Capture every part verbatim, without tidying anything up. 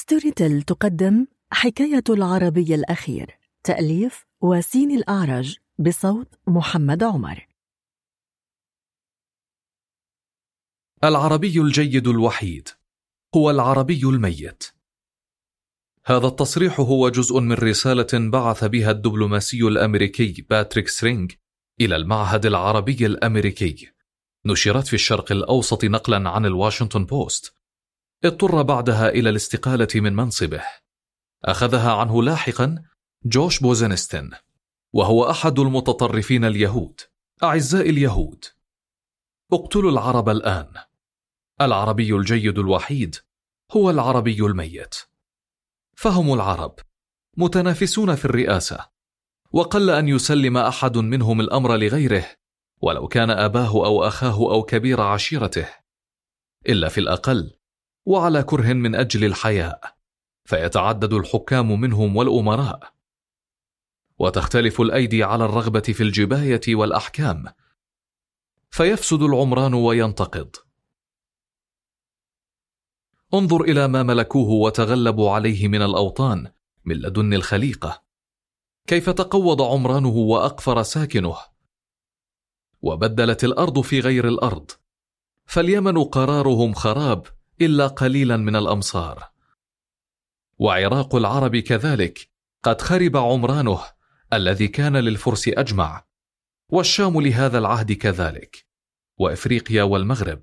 ستوري تيل تقدم حكاية العربي الأخير، تأليف وسين الأعرج، بصوت محمد عمر. العربي الجيد الوحيد هو العربي الميت. هذا التصريح هو جزء من رسالة بعث بها الدبلوماسي الأمريكي باتريك سترينج إلى المعهد العربي الأمريكي، نشرت في الشرق الأوسط نقلا عن الواشنطن بوست. اضطر بعدها إلى الاستقالة من منصبه، أخذها عنه لاحقا جوش بوزنستين، وهو أحد المتطرفين اليهود. أعزائي اليهود، اقتلوا العرب الآن. العربي الجيد الوحيد هو العربي الميت. فهم العرب متنافسون في الرئاسة، وقل أن يسلم أحد منهم الأمر لغيره ولو كان أباه أو أخاه أو كبير عشيرته، إلا في الأقل وعلى كره من أجل الحياء، فيتعدد الحكام منهم والأمراء، وتختلف الأيدي على الرغبة في الجباية والأحكام، فيفسد العمران وينتقض. انظر إلى ما ملكوه وتغلبوا عليه من الأوطان من لدن الخليقة، كيف تقوض عمرانه وأقفر ساكنه، وبدلت الأرض في غير الأرض، فاليمن قرارهم خراب إلا قليلا من الأمصار. وعراق العرب كذلك قد خرب عمرانه الذي كان للفرس أجمع، والشام لهذا العهد كذلك، وإفريقيا والمغرب.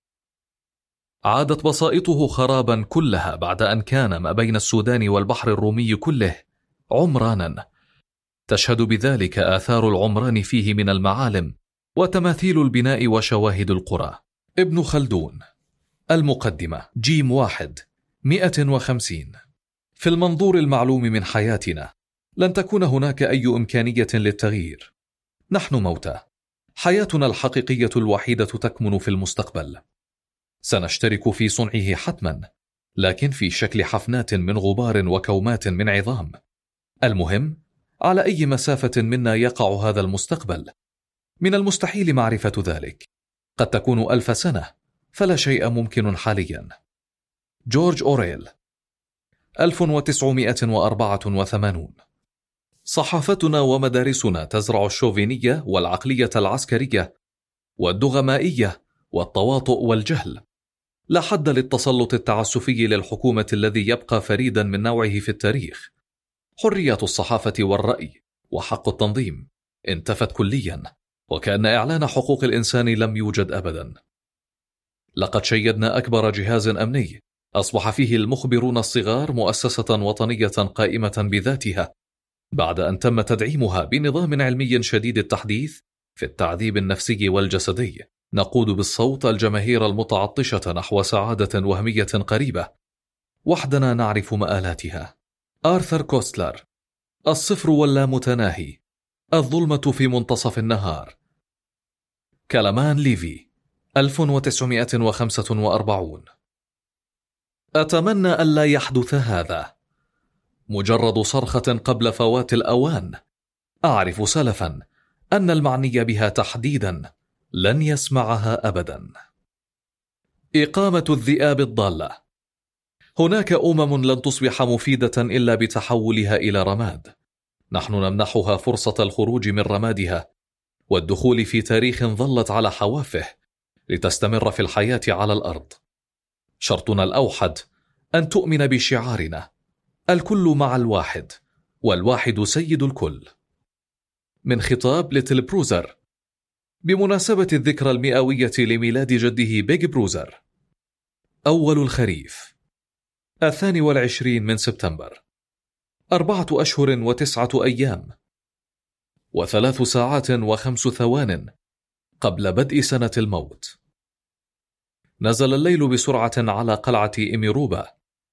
عادت بسائطه خرابا كلها بعد أن كان ما بين السودان والبحر الرومي كله عمرانا، تشهد بذلك آثار العمران فيه من المعالم وتماثيل البناء وشواهد القرى. ابن خلدون، المقدمة، جيم واحد مئة وخمسين. في المنظور المعلوم من حياتنا لن تكون هناك أي إمكانية للتغيير. نحن موتى، حياتنا الحقيقية الوحيدة تكمن في المستقبل. سنشترك في صنعه حتما، لكن في شكل حفنات من غبار وكومات من عظام. المهم على أي مسافة منا يقع هذا المستقبل. من المستحيل معرفة ذلك، قد تكون ألف سنة، فلا شيء ممكن حاليا. جورج أوريل، ألف وتسعمئة وأربعة وثمانين. صحافتنا ومدارسنا تزرع الشوفينية والعقلية العسكرية والدغمائية والتواطؤ والجهل. لا حد للتسلط التعسفي للحكومة الذي يبقى فريدا من نوعه في التاريخ. حرية الصحافة والرأي وحق التنظيم انتفت كليا، وكأن إعلان حقوق الإنسان لم يوجد أبدا. لقد شيدنا أكبر جهاز أمني أصبح فيه المخبرون الصغار مؤسسة وطنية قائمة بذاتها، بعد أن تم تدعيمها بنظام علمي شديد التحديث في التعذيب النفسي والجسدي. نقود بالصوت الجماهير المتعطشة نحو سعادة وهمية قريبة، وحدنا نعرف مآلاتها. آرثر كوستلر، الصفر واللامتناهي، الظلمة في منتصف النهار. كلمان ليفي، ألف وتسعمئة وخمسة وأربعين. أتمنى ألا يحدث هذا. مجرد صرخة قبل فوات الأوان. أعرف سلفا أن المعني بها تحديدا لن يسمعها أبدا. إقامة الذئاب الضالة. هناك أمم لن تصبح مفيدة إلا بتحولها إلى رماد. نحن نمنحها فرصة الخروج من رمادها والدخول في تاريخ ظلت على حوافه لتستمر في الحياة على الأرض. شرطنا الأوحد أن تؤمن بشعارنا: الكل مع الواحد، والواحد سيد الكل. من خطاب لتيل بروزر بمناسبة الذكرى المئوية لميلاد جده بيج بروزر. أول الخريف، الثاني والعشرين من سبتمبر، أربعة أشهر وتسعة أيام وثلاث ساعات وخمس ثوان قبل بدء سنة الموت. نزل الليل بسرعة على قلعة إميروبا.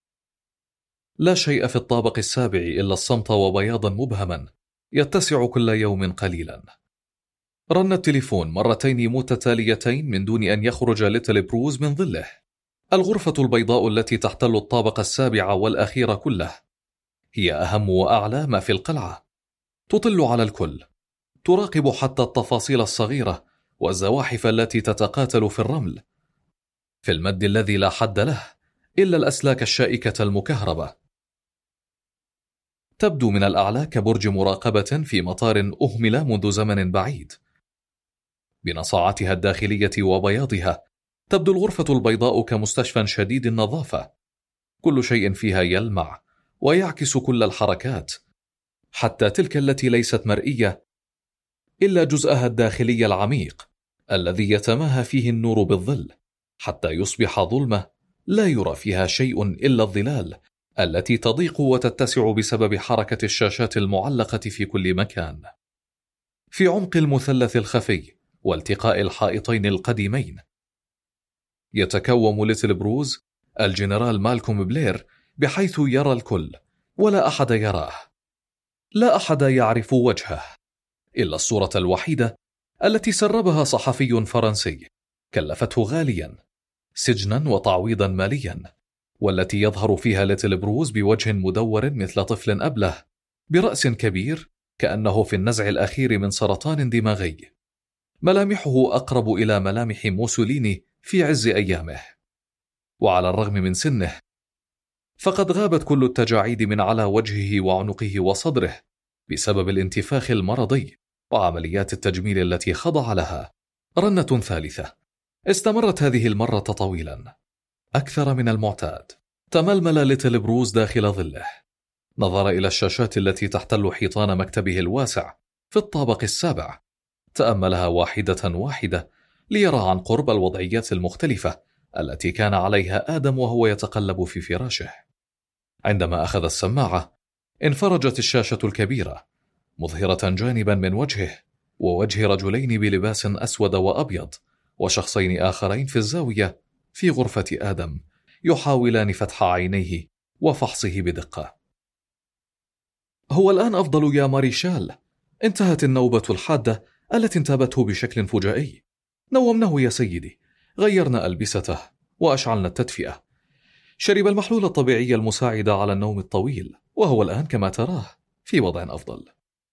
لا شيء في الطابق السابع إلا الصمت وبياضا مبهما يتسع كل يوم قليلا. رن التليفون مرتين متتاليتين من دون أن يخرج ليتل بروز من ظله. الغرفة البيضاء التي تحتل الطابق السابع والأخير كله هي أهم وأعلى ما في القلعة. تطل على الكل، تراقب حتى التفاصيل الصغيرة والزواحف التي تتقاتل في الرمل. في المد الذي لا حد له إلا الأسلاك الشائكة المكهربة. تبدو من الأعلى كبرج مراقبة في مطار أهمل منذ زمن بعيد. بنصاعتها الداخلية وبياضها تبدو الغرفة البيضاء كمستشفى شديد النظافة، كل شيء فيها يلمع ويعكس كل الحركات، حتى تلك التي ليست مرئية إلا جزءها الداخلي العميق الذي يتماهى فيه النور بالظل حتى يصبح ظلمة لا يرى فيها شيء إلا الظلال التي تضيق وتتسع بسبب حركة الشاشات المعلقة في كل مكان. في عمق المثلث الخفي والتقاء الحائطين القديمين يتكوم ليتل بروز الجنرال مالكوم بلير، بحيث يرى الكل ولا أحد يراه، لا أحد يعرف وجهه إلا الصورة الوحيدة التي سربها صحفي فرنسي كلفته غاليا سجنا وتعويضا ماليا، والتي يظهر فيها ليتل بروز بوجه مدور مثل طفل أبله برأس كبير كأنه في النزع الأخير من سرطان دماغي، ملامحه أقرب إلى ملامح موسوليني في عز أيامه. وعلى الرغم من سنه فقد غابت كل التجاعيد من على وجهه وعنقه وصدره بسبب الانتفاخ المرضي وعمليات التجميل التي خضع لها. رنة ثالثة استمرت هذه المرة طويلا أكثر من المعتاد. تململ ليتل بروز داخل ظله، نظر إلى الشاشات التي تحتل حيطان مكتبه الواسع في الطابق السابع، تأملها واحدة واحدة ليرى عن قرب الوضعيات المختلفة التي كان عليها آدم وهو يتقلب في فراشه. عندما أخذ السماعة انفرجت الشاشة الكبيرة مظهرة جانبا من وجهه ووجه رجلين بلباس أسود وأبيض وشخصين آخرين في الزاوية في غرفة آدم يحاولان فتح عينيه وفحصه بدقة. هو الآن أفضل يا ماريشال، انتهت النوبة الحادة التي انتابته بشكل فجائي. نومناه يا سيدي، غيرنا ألبسته وأشعلنا التدفئة، شرب المحلول الطبيعي المساعد على النوم الطويل، وهو الآن كما تراه في وضع أفضل.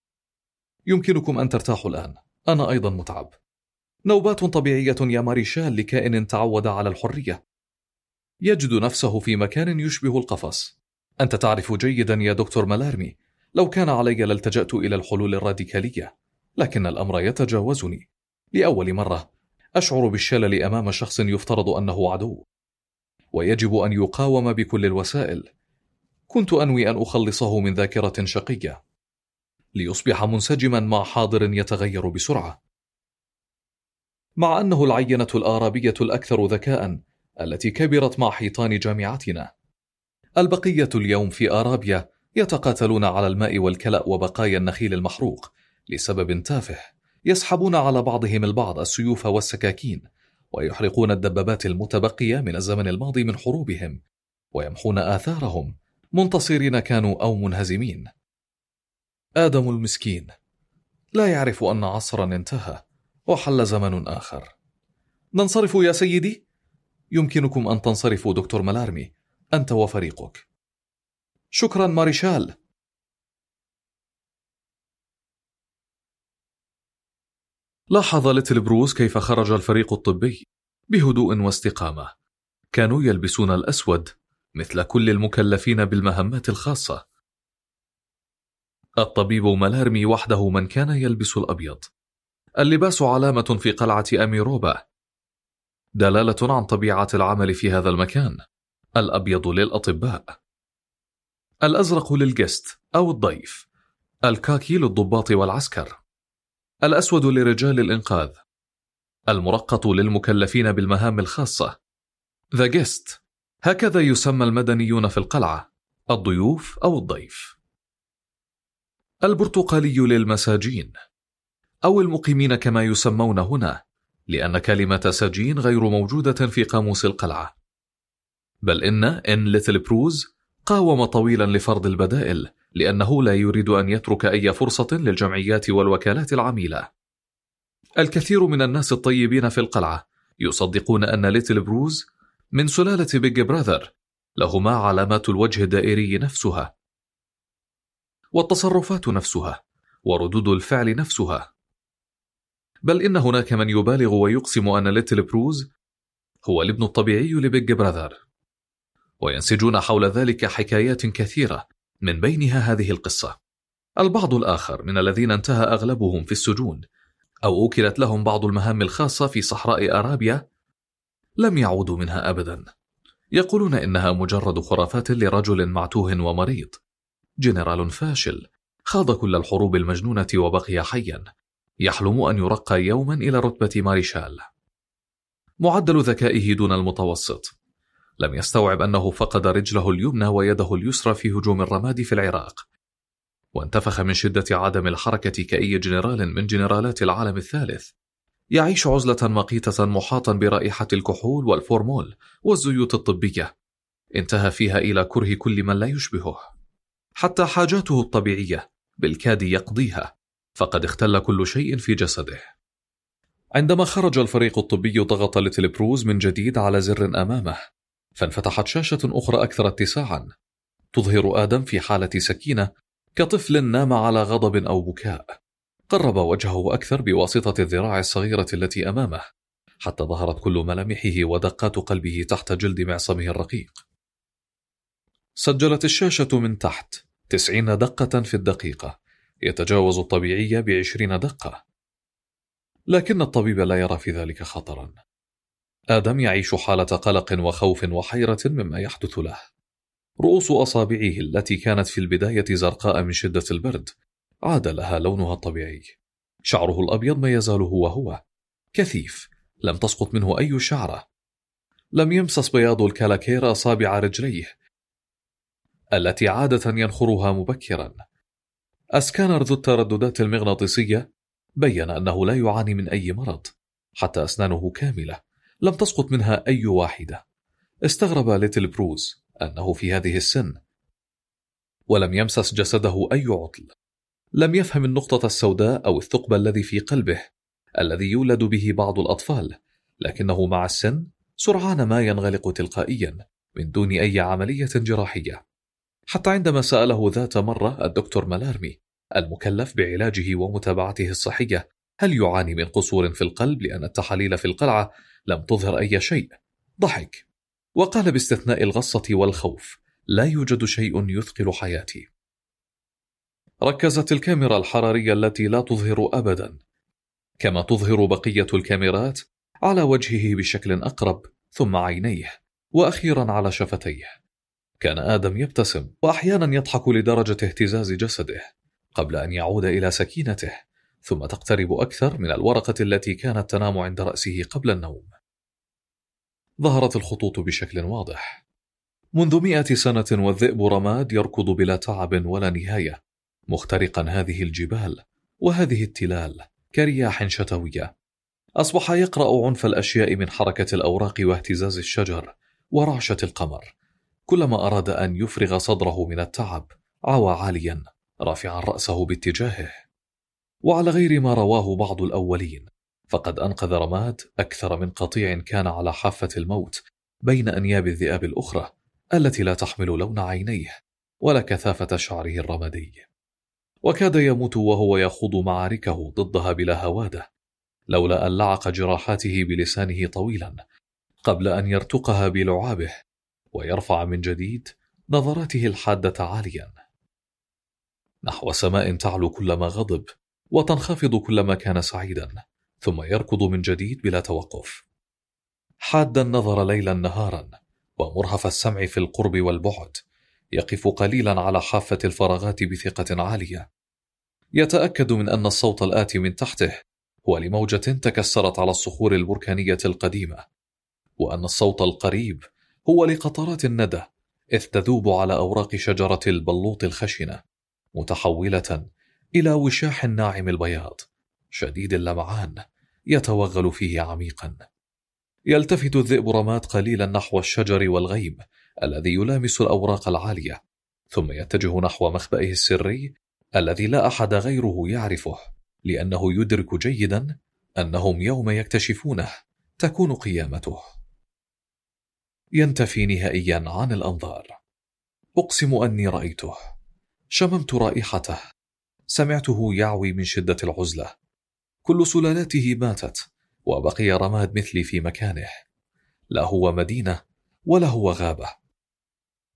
يمكنكم أن ترتاحوا الآن، أنا أيضا متعب. نوبات طبيعية يا ماريشال لكائن تعود على الحرية، يجد نفسه في مكان يشبه القفص. أنت تعرف جيدا يا دكتور مالارمي، لو كان علي لالتجأت إلى الحلول الراديكالية، لكن الأمر يتجاوزني. لأول مرة أشعر بالشلل أمام شخص يفترض أنه عدو ويجب أن يقاوم بكل الوسائل. كنت أنوي أن أخلصه من ذاكرة شقية ليصبح منسجما مع حاضر يتغير بسرعة. مع أنه العينة الآرابية الأكثر ذكاء التي كبرت مع حيطان جامعتنا، البقية اليوم في آرابيا يتقاتلون على الماء والكلأ وبقايا النخيل المحروق لسبب تافه، يسحبون على بعضهم البعض السيوف والسكاكين ويحرقون الدبابات المتبقية من الزمن الماضي من حروبهم ويمحون آثارهم، منتصرين كانوا أو منهزمين. آدم المسكين لا يعرف أن عصرا انتهى وحل زمن آخر. ننصرف يا سيدي؟ يمكنكم أن تنصرفوا دكتور مالارمي، أنت وفريقك. شكرا ماريشال. لاحظ ليتل بروز كيف خرج الفريق الطبي بهدوء واستقامة. كانوا يلبسون الأسود مثل كل المكلفين بالمهمات الخاصة. الطبيب مالارمي وحده من كان يلبس الأبيض. اللباس علامة في قلعة أميروبا، دلالة عن طبيعة العمل في هذا المكان. الأبيض للأطباء، الأزرق للجست أو الضيف، الكاكي للضباط والعسكر، الأسود لرجال الإنقاذ، المرقط للمكلفين بالمهام الخاصة. The guest، هكذا يسمى المدنيون في القلعة، الضيوف أو الضيف. البرتقالي للمساجين أو المقيمين كما يسمون هنا، لأن كلمة سجين غير موجودة في قاموس القلعة. بل إن إن ليتل بروز قاوم طويلا لفرض البدائل، لأنه لا يريد أن يترك أي فرصة للجمعيات والوكالات العميلة. الكثير من الناس الطيبين في القلعة يصدقون أن ليتل بروز من سلالة بيج براذر، لهما علامات الوجه الدائري نفسها والتصرفات نفسها وردود الفعل نفسها. بل إن هناك من يبالغ ويقسم أن ليتل بروز هو الابن الطبيعي لبيج براذر. وينسجون حول ذلك حكايات كثيرة، من بينها هذه القصة. البعض الآخر من الذين انتهى أغلبهم في السجون أو أوكلت لهم بعض المهام الخاصة في صحراء أرابيا لم يعودوا منها أبدا. يقولون إنها مجرد خرافات لرجل معتوه ومريض، جنرال فاشل خاض كل الحروب المجنونة وبقي حيا، يحلم أن يرقى يوما إلى رتبة ماريشال. معدل ذكائه دون المتوسط، لم يستوعب أنه فقد رجله اليمنى ويده اليسرى في هجوم الرماد في العراق، وانتفخ من شدة عدم الحركة كأي جنرال من جنرالات العالم الثالث. يعيش عزلة مقيتة محاطا برائحة الكحول والفورمول والزيوت الطبية، انتهى فيها إلى كره كل من لا يشبهه، حتى حاجاته الطبيعية بالكاد يقضيها، فقد اختل كل شيء في جسده. عندما خرج الفريق الطبي ضغط ليتل بروز من جديد على زر أمامه، فانفتحت شاشة أخرى أكثر اتساعا تظهر آدم في حالة سكينة كطفل نام على غضب أو بكاء. قرب وجهه أكثر بواسطة الذراع الصغيرة التي أمامه، حتى ظهرت كل ملامحه ودقات قلبه تحت جلد معصمه الرقيق. سجلت الشاشة من تحت تسعين دقة في الدقيقة، يتجاوز الطبيعي بعشرين دقة، لكن الطبيب لا يرى في ذلك خطرا. آدم يعيش حالة قلق وخوف وحيرة مما يحدث له. رؤوس أصابعه التي كانت في البداية زرقاء من شدة البرد عاد لها لونها الطبيعي. شعره الأبيض ما يزال هو هو كثيف، لم تسقط منه أي شعرة. لم يمسس بياض الكالاكير أصابع رجليه التي عادة ينخرها مبكرا. أسكانر ذو الترددات المغناطيسية بيّن أنه لا يعاني من أي مرض، حتى أسنانه كاملة لم تسقط منها أي واحدة. استغرب ليتل بروز أنه في هذه السن ولم يمسس جسده أي عطل. لم يفهم النقطة السوداء أو الثقب الذي في قلبه الذي يولد به بعض الأطفال، لكنه مع السن سرعان ما ينغلق تلقائيا من دون أي عملية جراحية. حتى عندما سأله ذات مرة الدكتور مالارمي المكلف بعلاجه ومتابعته الصحية هل يعاني من قصور في القلب لأن التحاليل في القلعة لم تظهر أي شيء، ضحك وقال باستثناء الغصة والخوف لا يوجد شيء يثقل حياتي. ركزت الكاميرا الحرارية التي لا تظهر أبدا كما تظهر بقية الكاميرات على وجهه بشكل أقرب، ثم عينيه، وأخيرا على شفتيه. كان آدم يبتسم وأحيانا يضحك لدرجة اهتزاز جسده قبل أن يعود إلى سكينته، ثم تقترب أكثر من الورقة التي كانت تنام عند رأسه قبل النوم. ظهرت الخطوط بشكل واضح. منذ مئة سنة والذئب رماد يركض بلا تعب ولا نهاية، مخترقا هذه الجبال وهذه التلال كرياح شتوية. أصبح يقرأ عنف الأشياء من حركة الأوراق واهتزاز الشجر ورعشة القمر. كلما أراد أن يفرغ صدره من التعب عوى عاليا رافعا رأسه باتجاهه. وعلى غير ما رواه بعض الأولين، فقد أنقذ رماد أكثر من قطيع كان على حافة الموت بين أنياب الذئاب الأخرى التي لا تحمل لون عينيه ولا كثافة شعره الرمادي، وكاد يموت وهو يخوض معاركه ضدها بلا هوادة، لولا أن لعق جراحاته بلسانه طويلا قبل أن يرتقها بلعابه ويرفع من جديد نظراته الحادة عاليا نحو سماء تعلو كلما غضب وتنخفض كلما كان سعيدا، ثم يركض من جديد بلا توقف، حاد النظر ليلا نهارا ومرهف السمع في القرب والبعد. يقف قليلا على حافة الفراغات بثقة عالية، يتأكد من أن الصوت الآتي من تحته هو لموجة تكسرت على الصخور البركانية القديمة، وأن الصوت القريب هو لقطرات الندى إذ تذوب على أوراق شجرة البلوط الخشنة، متحولة إلى وشاح ناعم البياض شديد اللمعان يتوغل فيه عميقا. يلتفت الذئب رماد قليلا نحو الشجر والغيم الذي يلامس الأوراق العالية، ثم يتجه نحو مخبئه السري الذي لا أحد غيره يعرفه، لأنه يدرك جيدا أنهم يوم يكتشفونه تكون قيامته. ينتفي نهائيا عن الأنظار. أقسم أني رأيته، شممت رائحته، سمعته يعوي من شدة العزلة. كل سلالاته ماتت وبقي رماد مثلي في مكانه، لا هو مدينة ولا هو غابة.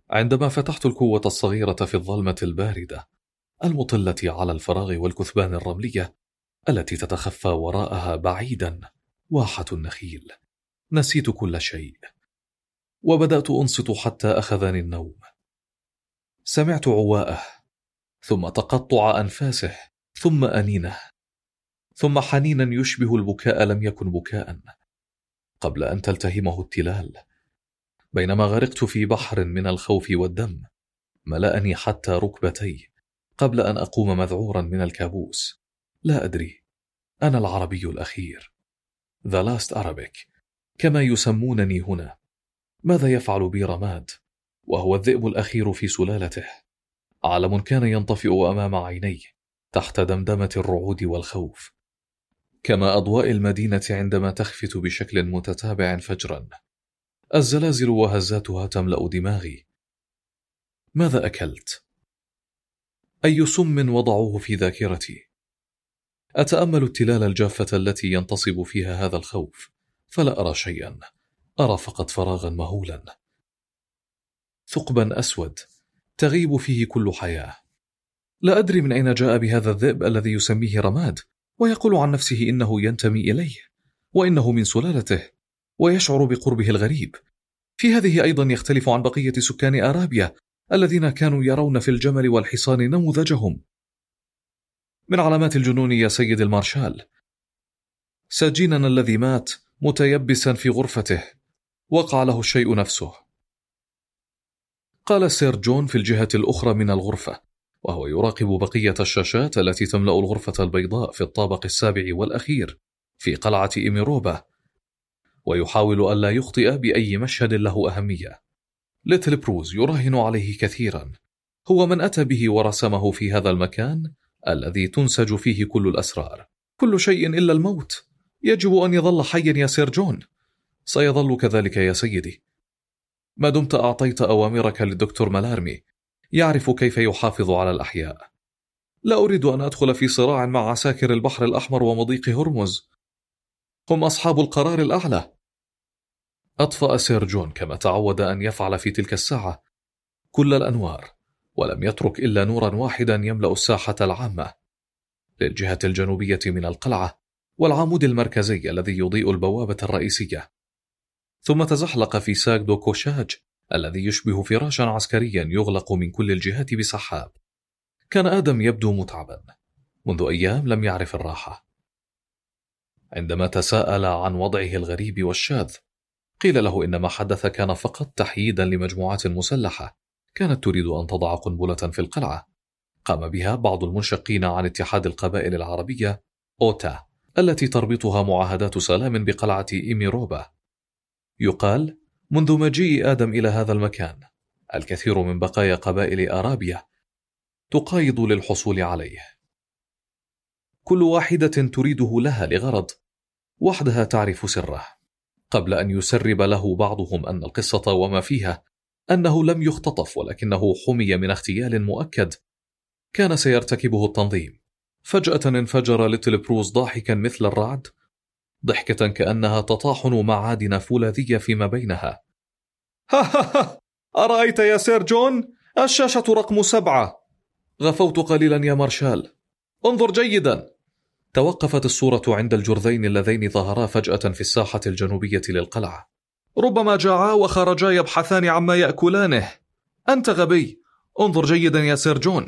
عندما فتحت الكوة الصغيرة في الظلمة الباردة المطلة على الفراغ والكثبان الرملية التي تتخفى وراءها بعيدا واحة النخيل، نسيت كل شيء وبدأت أنصت حتى أخذني النوم. سمعت عواءه، ثم تقطع أنفاسه، ثم أنينه، ثم حنينا يشبه البكاء لم يكن بكاء، قبل أن تلتهمه التلال. بينما غرقت في بحر من الخوف والدم ملأني حتى ركبتي قبل أن أقوم مذعورا من الكابوس. لا أدري، أنا العربي الأخير، The Last Arabic كما يسمونني هنا. ماذا يفعل بي رماد وهو الذئب الأخير في سلالته؟ عالم كان ينطفئ أمام عيني تحت دمدمة الرعود والخوف، كما أضواء المدينة عندما تخفت بشكل متتابع فجرا. الزلازل وهزاتها تملأ دماغي. ماذا أكلت؟ أي سم وضعوه في ذاكرتي؟ أتأمل التلال الجافة التي ينتصب فيها هذا الخوف، فلا أرى شيئا، أرى فقط فراغا مهولا، ثقبا أسود تغيب فيه كل حياة. لا أدري من أين جاء بهذا الذئب الذي يسميه رماد ويقول عن نفسه إنه ينتمي إليه وإنه من سلالته ويشعر بقربه الغريب. في هذه أيضا يختلف عن بقية سكان أرابيا الذين كانوا يرون في الجمل والحصان نموذجهم. من علامات الجنون يا سيد المارشال، سجيننا الذي مات متيبسا في غرفته وقع له الشيء نفسه، قال سير جون في الجهة الأخرى من الغرفة وهو يراقب بقية الشاشات التي تملأ الغرفة البيضاء في الطابق السابع والأخير في قلعة إيميروبا، ويحاول ألا يخطئ بأي مشهد له أهمية. ليتل بروز يراهن عليه كثيرا، هو من أتى به ورسمه في هذا المكان الذي تنسج فيه كل الأسرار. كل شيء إلا الموت يجب أن يظل حيا يا سير جون. سيظل كذلك يا سيدي ما دمت أعطيت أوامرك للدكتور مالارمي، يعرف كيف يحافظ على الأحياء. لا أريد أن أدخل في صراع مع عساكر البحر الأحمر ومضيق هرمز، هم أصحاب القرار الأعلى. أطفأ سير جون كما تعود أن يفعل في تلك الساعة كل الأنوار، ولم يترك إلا نورا واحدا يملأ الساحة العامة للجهة الجنوبية من القلعة والعمود المركزي الذي يضيء البوابة الرئيسية. ثم تزحلق في ساك دو كوشاج الذي يشبه فراشا عسكريا يغلق من كل الجهات بسحاب. كان آدم يبدو متعبا، منذ أيام لم يعرف الراحة. عندما تساءل عن وضعه الغريب والشاذ قيل له إن ما حدث كان فقط تحييدا لمجموعات مسلحة كانت تريد أن تضع قنبلة في القلعة، قام بها بعض المنشقين عن اتحاد القبائل العربية أوتا التي تربطها معاهدات سلام بقلعة إيميروبا. يقال منذ مجيء آدم إلى هذا المكان الكثير من بقايا قبائل أرابيا تقايض للحصول عليه، كل واحدة تريده لها لغرض، وحدها تعرف سره، قبل أن يسرب له بعضهم أن القصة وما فيها أنه لم يختطف ولكنه حمي من اغتيال مؤكد كان سيرتكبه التنظيم. فجأة انفجر ليتل بروز ضاحكا مثل الرعد، ضحكة كأنها تطاحن معادن فولاذية فيما بينها. ها ها ها، أرأيت يا سير جون؟ الشاشة رقم سبعة. غفوت قليلا يا مارشال، انظر جيدا. توقفت الصورة عند الجرذين اللذين ظهرا فجأة في الساحة الجنوبية للقلعة. ربما جاعا وخرجا يبحثان عما يأكلانه. أنت غبي، انظر جيدا يا سير جون.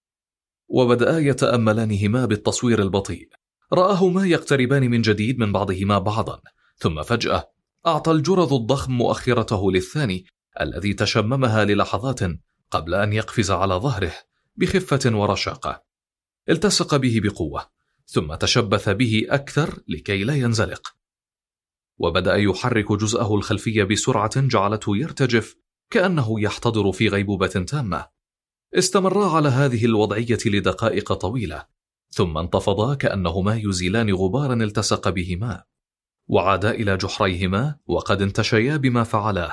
وبدأ يتأملانهما بالتصوير البطيء، رآهما يقتربان من جديد من بعضهما بعضا، ثم فجأة أعطى الجرذ الضخم مؤخرته للثاني الذي تشممها للحظات قبل أن يقفز على ظهره بخفة ورشاقة. التصق به بقوة ثم تشبث به أكثر لكي لا ينزلق، وبدأ يحرك جزءه الخلفي بسرعة جعلته يرتجف كأنه يحتضر في غيبوبة تامة. استمرا على هذه الوضعية لدقائق طويلة، ثم انتفضا كأنهما يزيلان غبارا التصق بهما، وعادا إلى جحريهما وقد انتشيا بما فعلاه.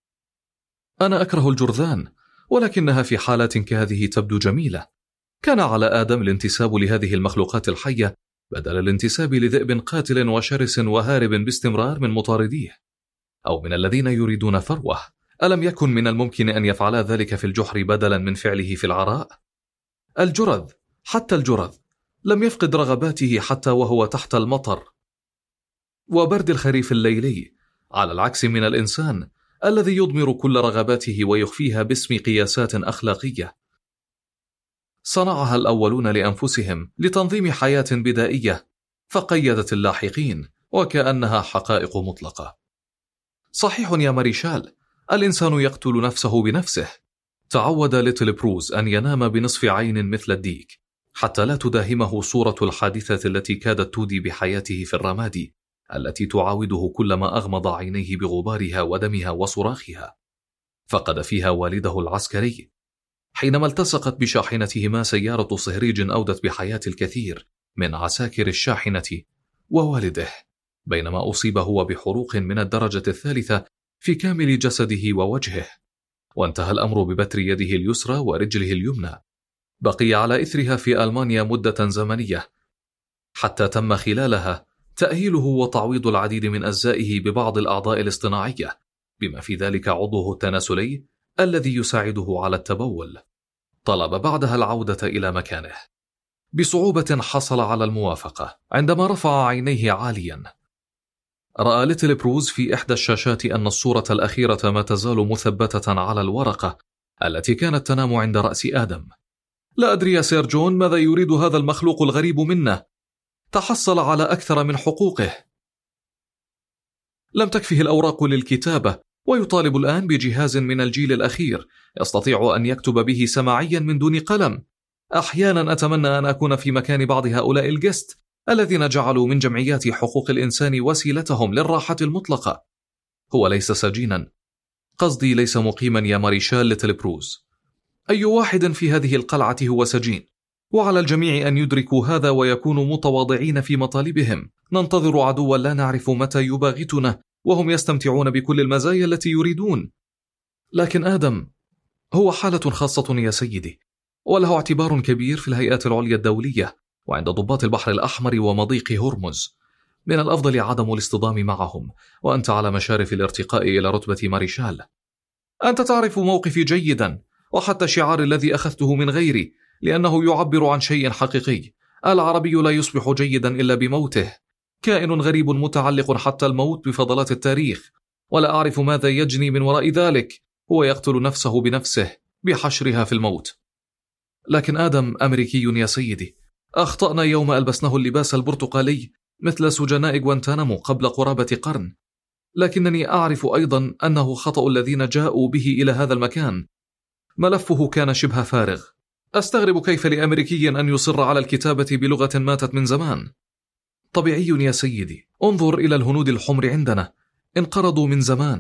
أنا أكره الجرذان، ولكنها في حالات كهذه تبدو جميلة. كان على آدم الانتساب لهذه المخلوقات الحية بدل الانتساب لذئب قاتل وشرس وهارب باستمرار من مطارديه، أو من الذين يريدون ثروة ألم يكن من الممكن أن يفعلا ذلك في الجحر بدلا من فعله في العراء؟ الجرذ، حتى الجرذ لم يفقد رغباته حتى وهو تحت المطر وبرد الخريف الليلي، على العكس من الإنسان الذي يضمر كل رغباته ويخفيها باسم قياسات أخلاقية صنعها الأولون لأنفسهم لتنظيم حياة بدائية فقيدت اللاحقين وكأنها حقائق مطلقة. صحيح يا ماريشال، الإنسان يقتل نفسه بنفسه. تعود ليتل بروز أن ينام بنصف عين مثل الديك حتى لا تداهمه صورة الحادثة التي كادت تودي بحياته في الرماد، التي تعاوده كلما أغمض عينيه بغبارها ودمها وصراخها. فقد فيها والده العسكري حينما التصقت بشاحنتهما سيارة صهريج أودت بحياة الكثير من عساكر الشاحنة، ووالده بينما أصيب هو بحروق من الدرجة الثالثة في كامل جسده ووجهه، وانتهى الأمر ببتر يده اليسرى ورجله اليمنى. بقي على إثرها في ألمانيا مدة زمنية حتى تم خلالها تأهيله وتعويض العديد من أجزائه ببعض الأعضاء الاصطناعية، بما في ذلك عضوه التناسلي الذي يساعده على التبول. طلب بعدها العودة إلى مكانه. بصعوبة حصل على الموافقة عندما رفع عينيه عاليا. رأى ليتل بروز في إحدى الشاشات أن الصورة الأخيرة ما تزال مثبتة على الورقة التي كانت تنام عند رأس آدم. لا أدري يا سير جون ماذا يريد هذا المخلوق الغريب منا. تحصل على أكثر من حقوقه. لم تكفه الأوراق للكتابة ويطالب الآن بجهاز من الجيل الأخير يستطيع أن يكتب به سماعيا من دون قلم. أحيانا أتمنى أن أكون في مكان بعض هؤلاء الجست الذين جعلوا من جمعيات حقوق الإنسان وسيلتهم للراحة المطلقة. هو ليس سجينا، قصدي ليس مقيما يا ماريشال ليتل بروز. أي واحد في هذه القلعة هو سجين، وعلى الجميع أن يدركوا هذا ويكونوا متواضعين في مطالبهم. ننتظر عدوا لا نعرف متى يباغتنا وهم يستمتعون بكل المزايا التي يريدون. لكن آدم هو حالة خاصة يا سيدي، وله اعتبار كبير في الهيئات العليا الدولية وعند ضباط البحر الأحمر ومضيق هرمز. من الأفضل عدم الاصطدام معهم، وأنت على مشارف الارتقاء إلى رتبة ماريشال. أنت تعرف موقفي جيدا، وحتى الشعار الذي أخذته من غيري، لأنه يعبر عن شيء حقيقي. العربي لا يصبح جيدا إلا بموته. كائن غريب متعلق حتى الموت بفضلات التاريخ، ولا أعرف ماذا يجني من وراء ذلك. هو يقتل نفسه بنفسه بحشرها في الموت. لكن آدم أمريكي يا سيدي. أخطأنا يوم ألبسناه اللباس البرتقالي مثل سجناء غوانتانامو قبل قرابة قرن، لكنني أعرف أيضا أنه خطأ الذين جاءوا به إلى هذا المكان. ملفه كان شبه فارغ. أستغرب كيف لأمريكي أن يصر على الكتابة بلغة ماتت من زمان. طبيعي يا سيدي، انظر إلى الهنود الحمر عندنا، انقرضوا من زمان،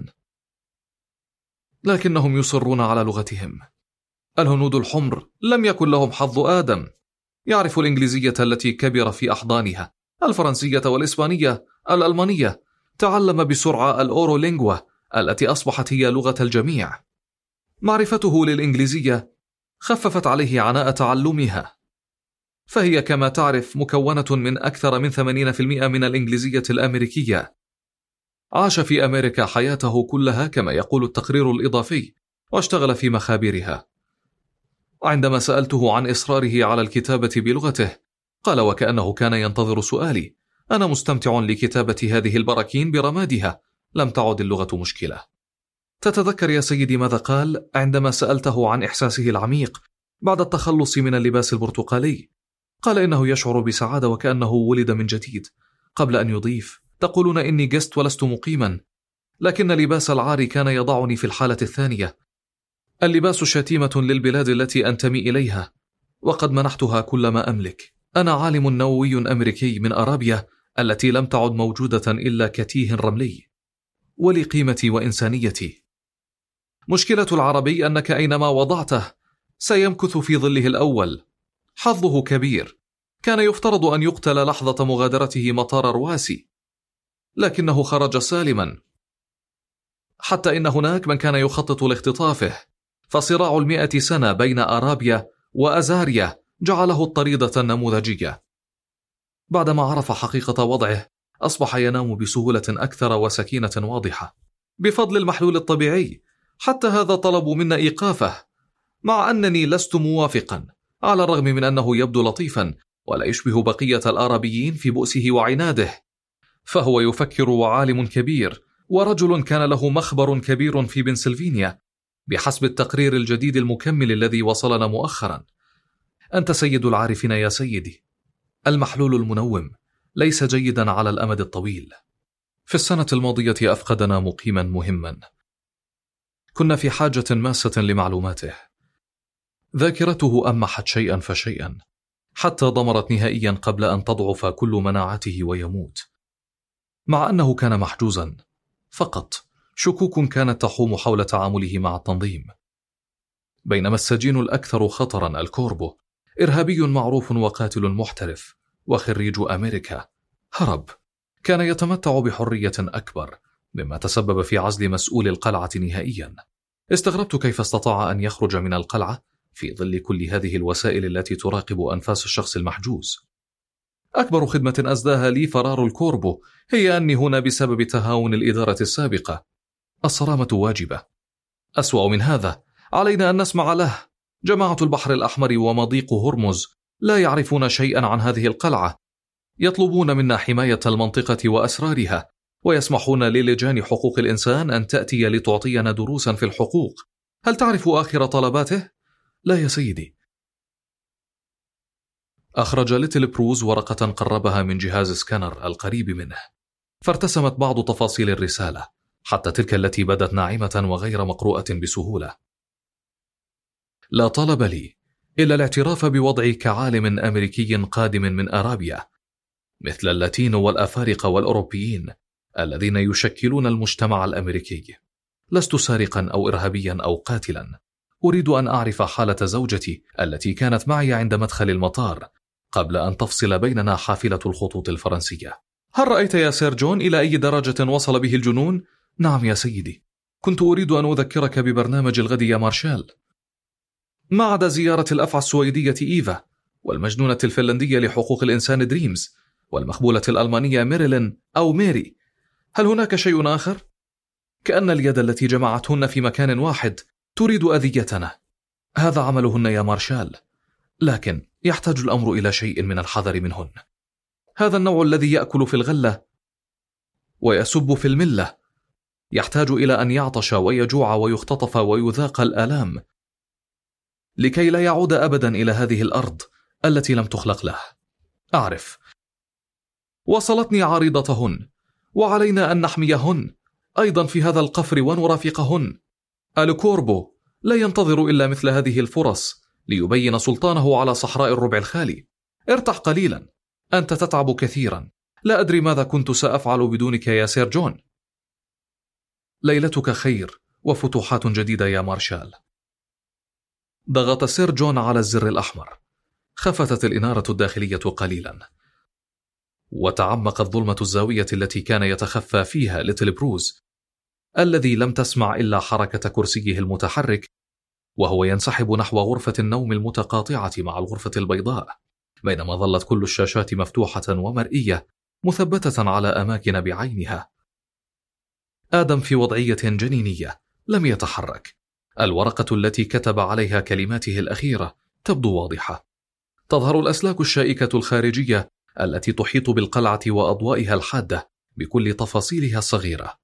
لكنهم يصرون على لغتهم. الهنود الحمر لم يكن لهم حظ آدم. يعرف الإنجليزية التي كبر في أحضانها، الفرنسية والإسبانية، الألمانية. تعلم بسرعة الأورولينغوا التي أصبحت هي لغة الجميع. معرفته للإنجليزية خففت عليه عناء تعلمها، فهي كما تعرف مكونة من أكثر من ثمانين بالمئة من الإنجليزية الأمريكية. عاش في أمريكا حياته كلها كما يقول التقرير الإضافي، واشتغل في مخابرها. عندما سألته عن إصراره على الكتابة بلغته، قال وكأنه كان ينتظر سؤالي: أنا مستمتع لكتابة هذه البراكين برمادها، لم تعد اللغة مشكلة. تتذكر يا سيدي ماذا قال عندما سألته عن إحساسه العميق بعد التخلص من اللباس البرتقالي؟ قال إنه يشعر بسعادة وكأنه ولد من جديد، قبل أن يضيف: تقولون إني جست ولست مقيما، لكن لباس العار كان يضعني في الحالة الثانية. اللباس شتيمة للبلاد التي أنتمي إليها، وقد منحتها كل ما أملك. أنا عالم نووي أمريكي من أرابيا التي لم تعد موجودة إلا كتيه رملي، ولقيمتي وإنسانيتي. مشكلة العربي أنك أينما وضعته سيمكث في ظله الأول. حظه كبير، كان يفترض أن يقتل لحظة مغادرته مطار رواسي، لكنه خرج سالما، حتى إن هناك من كان يخطط لاختطافه. فصراع المئة سنة بين أرابيا وأزاريا جعله الطريدة النموذجية. بعدما عرف حقيقة وضعه، أصبح ينام بسهولة أكثر وسكينة واضحة بفضل المحلول الطبيعي، حتى هذا طلبوا منا إيقافه، مع أنني لست موافقا، على الرغم من أنه يبدو لطيفا ولا يشبه بقية الآرابيين في بؤسه وعناده. فهو يفكر وعالم كبير، ورجل كان له مخبر كبير في بنسلفانيا بحسب التقرير الجديد المكمل الذي وصلنا مؤخرا. أنت سيد العارفين يا سيدي. المحلول المنوم ليس جيدا على الأمد الطويل. في السنة الماضية أفقدنا مقيما مهما، كنا في حاجة ماسة لمعلوماته. ذاكرته أمحت شيئا فشيئا حتى ضمرت نهائيا قبل أن تضعف كل مناعته ويموت. مع أنه كان محجوزا، فقط شكوك كانت تحوم حول تعامله مع التنظيم. بينما السجين الأكثر خطرا الكوربو، إرهابي معروف وقاتل محترف وخريج أمريكا، هرب. كان يتمتع بحرية أكبر، مما تسبب في عزل مسؤول القلعة نهائيا. استغربت كيف استطاع أن يخرج من القلعة في ظل كل هذه الوسائل التي تراقب أنفاس الشخص المحجوز. أكبر خدمة أسداها لي فرار الكوربو هي أني هنا بسبب تهاون الإدارة السابقة. الصرامة واجبة. أسوأ من هذا، علينا أن نسمع له. جماعة البحر الأحمر ومضيق هرمز لا يعرفون شيئا عن هذه القلعة، يطلبون منا حماية المنطقة وأسرارها، ويسمحون للجان حقوق الإنسان أن تأتي لتعطينا دروسا في الحقوق. هل تعرف آخر طلباته؟ لا يا سيدي. أخرج ليتل بروز ورقة قربها من جهاز سكانر القريب منه، فارتسمت بعض تفاصيل الرسالة، حتى تلك التي بدت ناعمة وغير مقروءة بسهولة. لا طلب لي إلا الاعتراف بوضعي كعالم أمريكي قادم من أرابيا، مثل اللاتينو والأفارقة والأوروبيين الذين يشكلون المجتمع الأمريكي. لست سارقا أو إرهابيا أو قاتلا. أريد أن أعرف حالة زوجتي التي كانت معي عند مدخل المطار قبل أن تفصل بيننا حافلة الخطوط الفرنسية. هل رأيت يا سير جون إلى أي درجة وصل به الجنون؟ نعم يا سيدي. كنت أريد أن أذكرك ببرنامج الغد يا مارشال. ما عدا زيارة الأفعى السويدية إيفا، والمجنونة الفنلندية لحقوق الإنسان دريمز، والمخبولة الألمانية ميريلين أو ميري، هل هناك شيء آخر؟ كأن اليد التي جمعتهن في مكان واحد تريد أذيتنا. هذا عملهن يا مارشال، لكن يحتاج الأمر إلى شيء من الحذر منهن. هذا النوع الذي يأكل في الغلة ويسب في الملة يحتاج إلى أن يعطش ويجوع ويختطف ويذاق الآلام لكي لا يعود أبدا إلى هذه الأرض التي لم تخلق له. أعرف. وصلتني عريضتهن، وعلينا أن نحميهن أيضا في هذا القفر ونرافقهن. الكوربو لا ينتظر إلا مثل هذه الفرص ليبين سلطانه على صحراء الربع الخالي. ارتح قليلا، أنت تتعب كثيرا. لا أدري ماذا كنت سأفعل بدونك يا سير جون. ليلتك خير وفتوحات جديدة يا مارشال. ضغط سير جون على الزر الأحمر. خفتت الإنارة الداخلية قليلا، وتعمقت ظلمة الزاوية التي كان يتخفى فيها ليتل بروز، الذي لم تسمع إلا حركة كرسيه المتحرك وهو ينسحب نحو غرفة النوم المتقاطعة مع الغرفة البيضاء، بينما ظلت كل الشاشات مفتوحة ومرئية مثبتة على أماكن بعينها. آدم في وضعية جنينية لم يتحرك. الورقة التي كتب عليها كلماته الأخيرة تبدو واضحة. تظهر الأسلاك الشائكة الخارجية التي تحيط بالقلعة وأضوائها الحادة بكل تفاصيلها الصغيرة.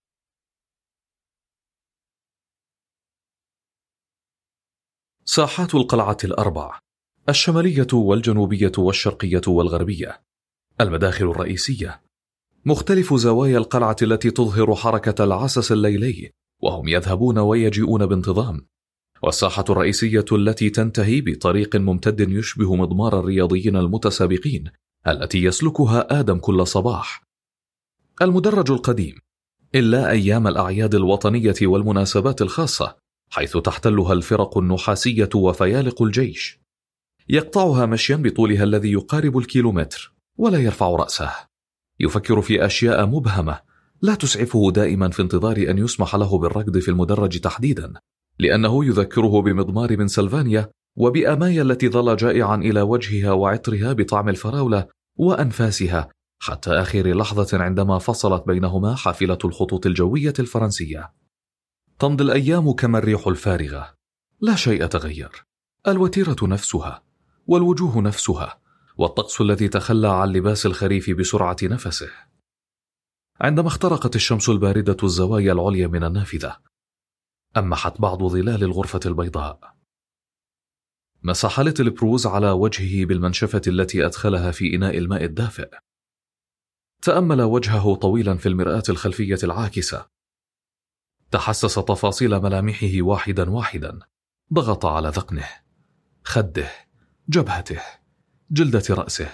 ساحات القلعة الأربع، الشمالية والجنوبية والشرقية والغربية، المداخل الرئيسية، مختلف زوايا القلعة التي تظهر حركة العسس الليلي وهم يذهبون ويجيئون بانتظام، والساحة الرئيسية التي تنتهي بطريق ممتد يشبه مضمار الرياضيين المتسابقين التي يسلكها آدم كل صباح. المدرج القديم، إلا أيام الأعياد الوطنية والمناسبات الخاصة، حيث تحتلها الفرق النحاسية وفيالق الجيش. يقطعها مشيا بطولها الذي يقارب الكيلومتر ولا يرفع رأسه. يفكر في أشياء مبهمة لا تسعفه دائما في انتظار أن يسمح له بالركض في المدرج تحديدا، لأنه يذكره بمضمار بنسلفانيا وبأمايا التي ظل جائعا إلى وجهها وعطرها بطعم الفراولة وأنفاسها حتى آخر لحظة عندما فصلت بينهما حافلة الخطوط الجوية الفرنسية. تمضي الأيام كما الريح الفارغة، لا شيء تغير، الوتيرة نفسها والوجوه نفسها والطقس الذي تخلى عن لباس الخريف بسرعة نفسه. عندما اخترقت الشمس الباردة الزوايا العليا من النافذة، أمحت بعض ظلال الغرفة البيضاء. مسح ليتل بروز على وجهه بالمنشفة التي أدخلها في إناء الماء الدافئ. تأمل وجهه طويلا في المرآة الخلفية العاكسة. تحسس تفاصيل ملامحه واحدا واحدا. ضغط على ذقنه، خده، جبهته، جلدة رأسه.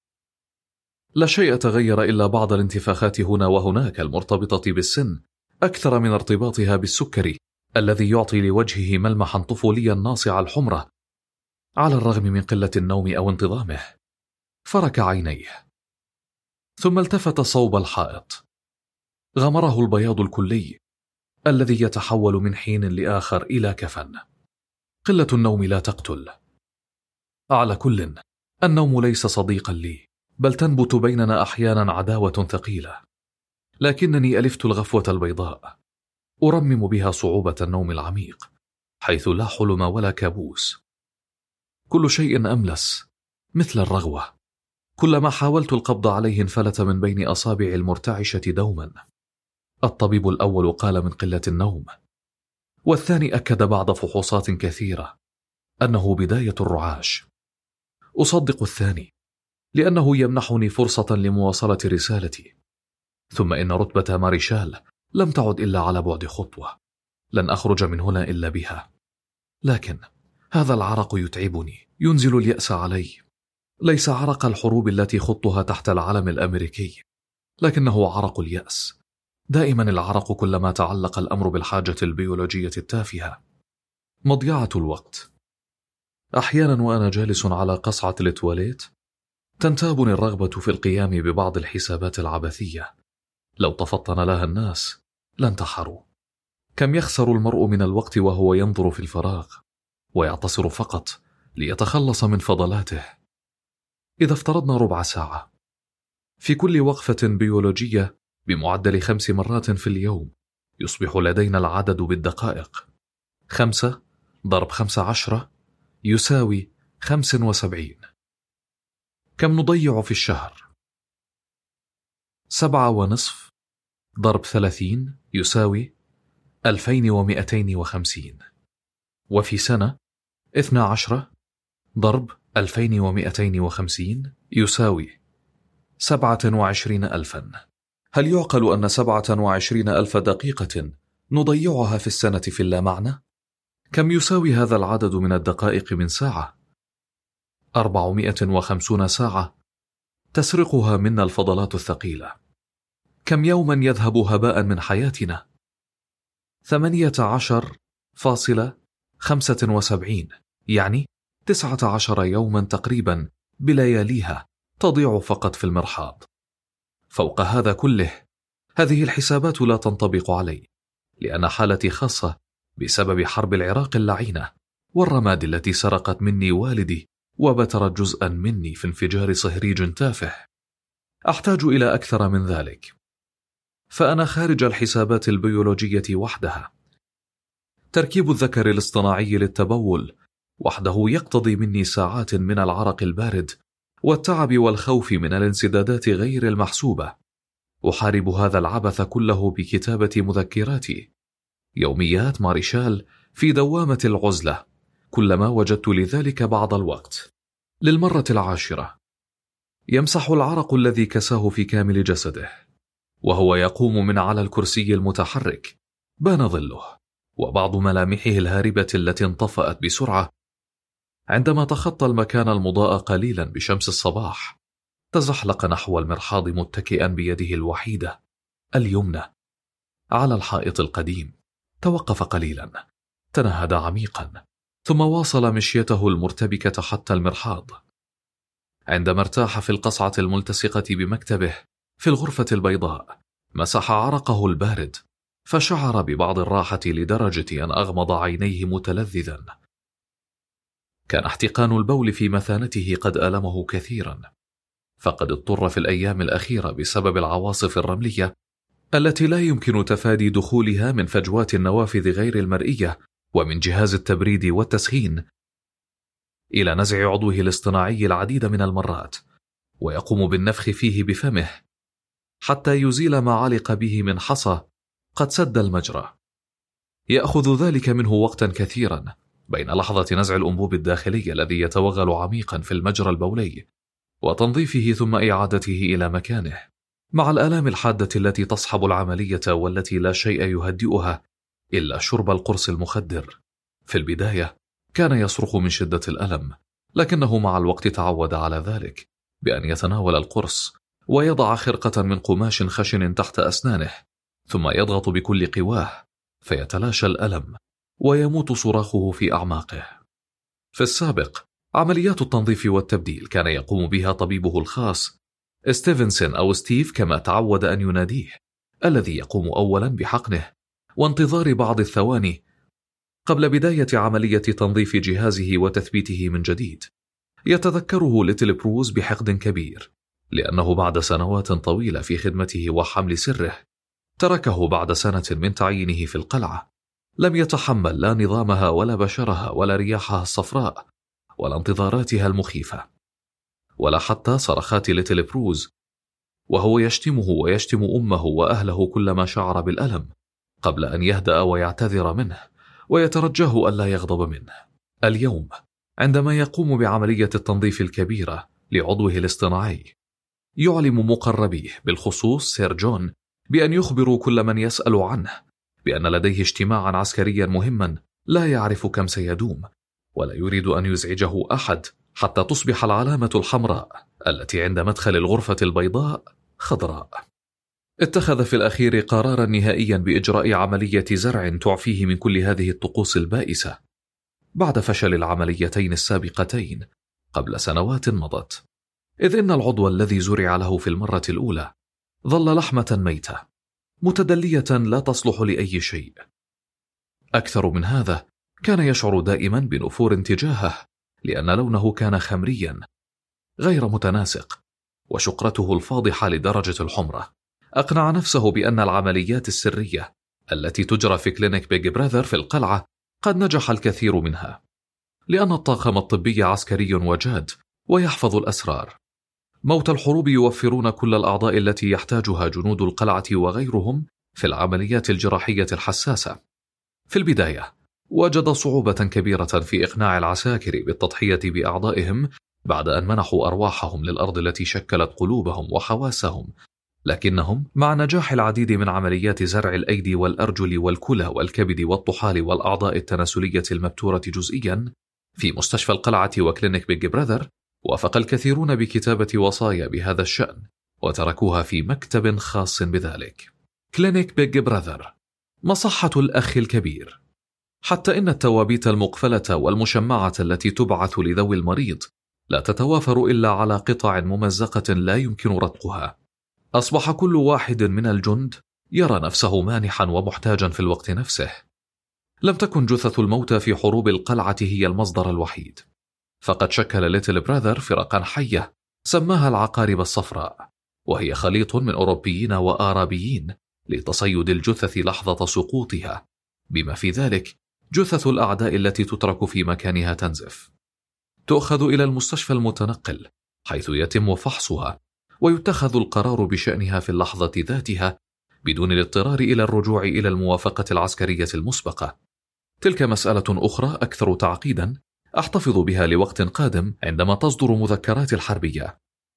لا شيء تغير إلا بعض الانتفاخات هنا وهناك المرتبطة بالسن أكثر من ارتباطها بالسكري الذي يعطي لوجهه ملمحا طفوليا ناصع الحمرة على الرغم من قلة النوم أو انتظامه. فرك عينيه ثم التفت صوب الحائط. غمره البياض الكلي الذي يتحول من حين لآخر إلى كفن. قلة النوم لا تقتل. على كل، النوم ليس صديقا لي، بل تنبت بيننا أحيانا عداوة ثقيلة. لكنني ألفت الغفوة البيضاء أرمم بها صعوبة النوم العميق، حيث لا حلم ولا كابوس. كل شيء أملس مثل الرغوة. كلما حاولت القبض عليه انفلت من بين أصابع المرتعشة دوما. الطبيب الأول قال من قلة النوم، والثاني أكد بعد فحوصات كثيرة أنه بداية الرعاش. أصدق الثاني لأنه يمنحني فرصة لمواصلة رسالتي. ثم إن رتبة ماريشال لم تعد إلا على بعد خطوة. لن أخرج من هنا إلا بها. لكن هذا العرق يتعبني، ينزل اليأس علي. ليس عرق الحروب التي خضتها تحت العلم الأمريكي، لكنه عرق اليأس. دائما العرق كلما تعلق الأمر بالحاجة البيولوجية التافهة. مضيعة الوقت. أحيانا وأنا جالس على قصعة التواليت تنتابني الرغبة في القيام ببعض الحسابات العبثية. لو تفطن لها الناس لانتحروا. كم يخسر المرء من الوقت وهو ينظر في الفراغ ويعتصر فقط ليتخلص من فضلاته. إذا افترضنا ربع ساعة في كل وقفة بيولوجية بمعدل خمس مرات في اليوم، يصبح لدينا العدد بالدقائق. خمسة ضرب خمس عشرة يساوي خمس وسبعين. كم نضيع في الشهر؟ سبعة ونصف ضرب ثلاثين يساوي ألفين ومئتين وخمسين. وفي سنة اثنى عشر ضرب ألفين ومئتين وخمسين يساوي سبعة وعشرين ألفا. هل يعقل أن سبعة وعشرين ألف دقيقة نضيعها في السنة في اللامعنى؟ كم يساوي هذا العدد من الدقائق من ساعة؟ أربعمائة وخمسين ساعة تسرقها منا الفضلات الثقيلة. كم يوما يذهب هباء من حياتنا؟ ثمانية عشر فاصلة خمسة وسبعين، يعني تسعة عشر يوما تقريبا بلياليها تضيع فقط في المرحاض. فوق هذا كله، هذه الحسابات لا تنطبق علي، لأن حالتي خاصة بسبب حرب العراق اللعينة والرماد التي سرقت مني والدي وبترت جزءا مني في انفجار صهريج تافه. أحتاج إلى أكثر من ذلك، فأنا خارج الحسابات البيولوجية وحدها. تركيب الذكر الاصطناعي للتبول وحده يقتضي مني ساعات من العرق البارد والتعب والخوف من الانسدادات غير المحسوبة. أحارب هذا العبث كله بكتابة مذكراتي، يوميات ماريشال في دوامة العزلة، كلما وجدت لذلك بعض الوقت. للمرة العاشرة يمسح العرق الذي كساه في كامل جسده، وهو يقوم من على الكرسي المتحرك. بان ظله وبعض ملامحه الهاربة التي انطفأت بسرعة عندما تخطى المكان المضاء قليلا بشمس الصباح. تزحلق نحو المرحاض متكئا بيده الوحيدة اليمنى على الحائط القديم. توقف قليلا، تنهد عميقا، ثم واصل مشيته المرتبكة حتى المرحاض. عندما ارتاح في القصعة الملتصقة بمكتبه في الغرفة البيضاء، مسح عرقه البارد، فشعر ببعض الراحة لدرجة أن أغمض عينيه متلذذا. كان احتقان البول في مثانته قد ألمه كثيرا، فقد اضطر في الأيام الأخيرة بسبب العواصف الرملية التي لا يمكن تفادي دخولها من فجوات النوافذ غير المرئية ومن جهاز التبريد والتسخين، إلى نزع عضوه الاصطناعي العديد من المرات، ويقوم بالنفخ فيه بفمه حتى يزيل ما علق به من حصى قد سد المجرى. يأخذ ذلك منه وقتا كثيرا بين لحظة نزع الأنبوب الداخلي الذي يتوغل عميقا في المجرى البولي وتنظيفه ثم إعادته إلى مكانه، مع الآلام الحادة التي تصحب العملية والتي لا شيء يهدئها إلا شرب القرص المخدر. في البداية كان يصرخ من شدة الألم، لكنه مع الوقت تعود على ذلك بأن يتناول القرص ويضع خرقة من قماش خشن تحت أسنانه، ثم يضغط بكل قواه فيتلاشى الألم ويموت صراخه في أعماقه. في السابق عمليات التنظيف والتبديل كان يقوم بها طبيبه الخاص ستيفنسون أو ستيف كما تعود أن يناديه، الذي يقوم أولا بحقنه وانتظار بعض الثواني قبل بداية عملية تنظيف جهازه وتثبيته من جديد. يتذكره ليتل بروز بحقد كبير، لأنه بعد سنوات طويلة في خدمته وحمل سره تركه بعد سنة من تعيينه في القلعة. لم يتحمل لا نظامها ولا بشرها ولا رياحها الصفراء ولا انتظاراتها المخيفة، ولا حتى صرخات ليتل بروز وهو يشتمه ويشتم أمه وأهله كلما شعر بالألم، قبل أن يهدأ ويعتذر منه ويترجاه ألا يغضب منه. اليوم عندما يقوم بعملية التنظيف الكبيرة لعضوه الاصطناعي، يعلم مقربيه بالخصوص سير جون بأن يخبروا كل من يسأل عنه بأن لديه اجتماعا عسكريا مهما لا يعرف كم سيدوم، ولا يريد أن يزعجه أحد حتى تصبح العلامة الحمراء التي عند مدخل الغرفة البيضاء خضراء. اتخذ في الأخير قرارا نهائيا بإجراء عملية زرع تعفيه من كل هذه الطقوس البائسة بعد فشل العمليتين السابقتين قبل سنوات مضت، إذ إن العضو الذي زرع له في المرة الأولى ظل لحمة ميتة متدلية لا تصلح لأي شيء. أكثر من هذا، كان يشعر دائما بنفور تجاهه لأن لونه كان خمريا غير متناسق، وشقرته الفاضحة لدرجة الحمرة أقنع نفسه بأن العمليات السرية التي تجرى في كلينيك بيج براذر في القلعة قد نجح الكثير منها، لأن الطاقم الطبي عسكري وجاد ويحفظ الأسرار. موت الحروب يوفرون كل الأعضاء التي يحتاجها جنود القلعة وغيرهم في العمليات الجراحية الحساسة. في البداية وجد صعوبة كبيرة في إقناع العساكر بالتضحية بأعضائهم بعد أن منحوا أرواحهم للأرض التي شكلت قلوبهم وحواسهم، لكنهم مع نجاح العديد من عمليات زرع الأيدي والأرجل والكلى والكبد والطحال والأعضاء التناسلية المبتورة جزئيا في مستشفى القلعة وكلينيك بيج براذر، وافق الكثيرون بكتابة وصايا بهذا الشأن وتركوها في مكتب خاص بذلك. كلينيك بيج براذر، مصحة الأخ الكبير. حتى إن التوابيت المقفلة والمشمعة التي تبعث لذوي المريض لا تتوافر إلا على قطع ممزقة لا يمكن رتقها. أصبح كل واحد من الجند يرى نفسه مانحا ومحتاجا في الوقت نفسه. لم تكن جثث الموتى في حروب القلعة هي المصدر الوحيد، فقد شكل ليتل براذر فرقا حية سماها العقارب الصفراء، وهي خليط من أوروبيين وآرابيين لتصيد الجثث لحظة سقوطها، بما في ذلك جثث الأعداء التي تترك في مكانها تنزف. تؤخذ إلى المستشفى المتنقل حيث يتم فحصها ويتخذ القرار بشأنها في اللحظة ذاتها بدون الاضطرار إلى الرجوع إلى الموافقة العسكرية المسبقة. تلك مسألة أخرى أكثر تعقيدا أحتفظ بها لوقت قادم عندما تصدر مذكرات الحربية.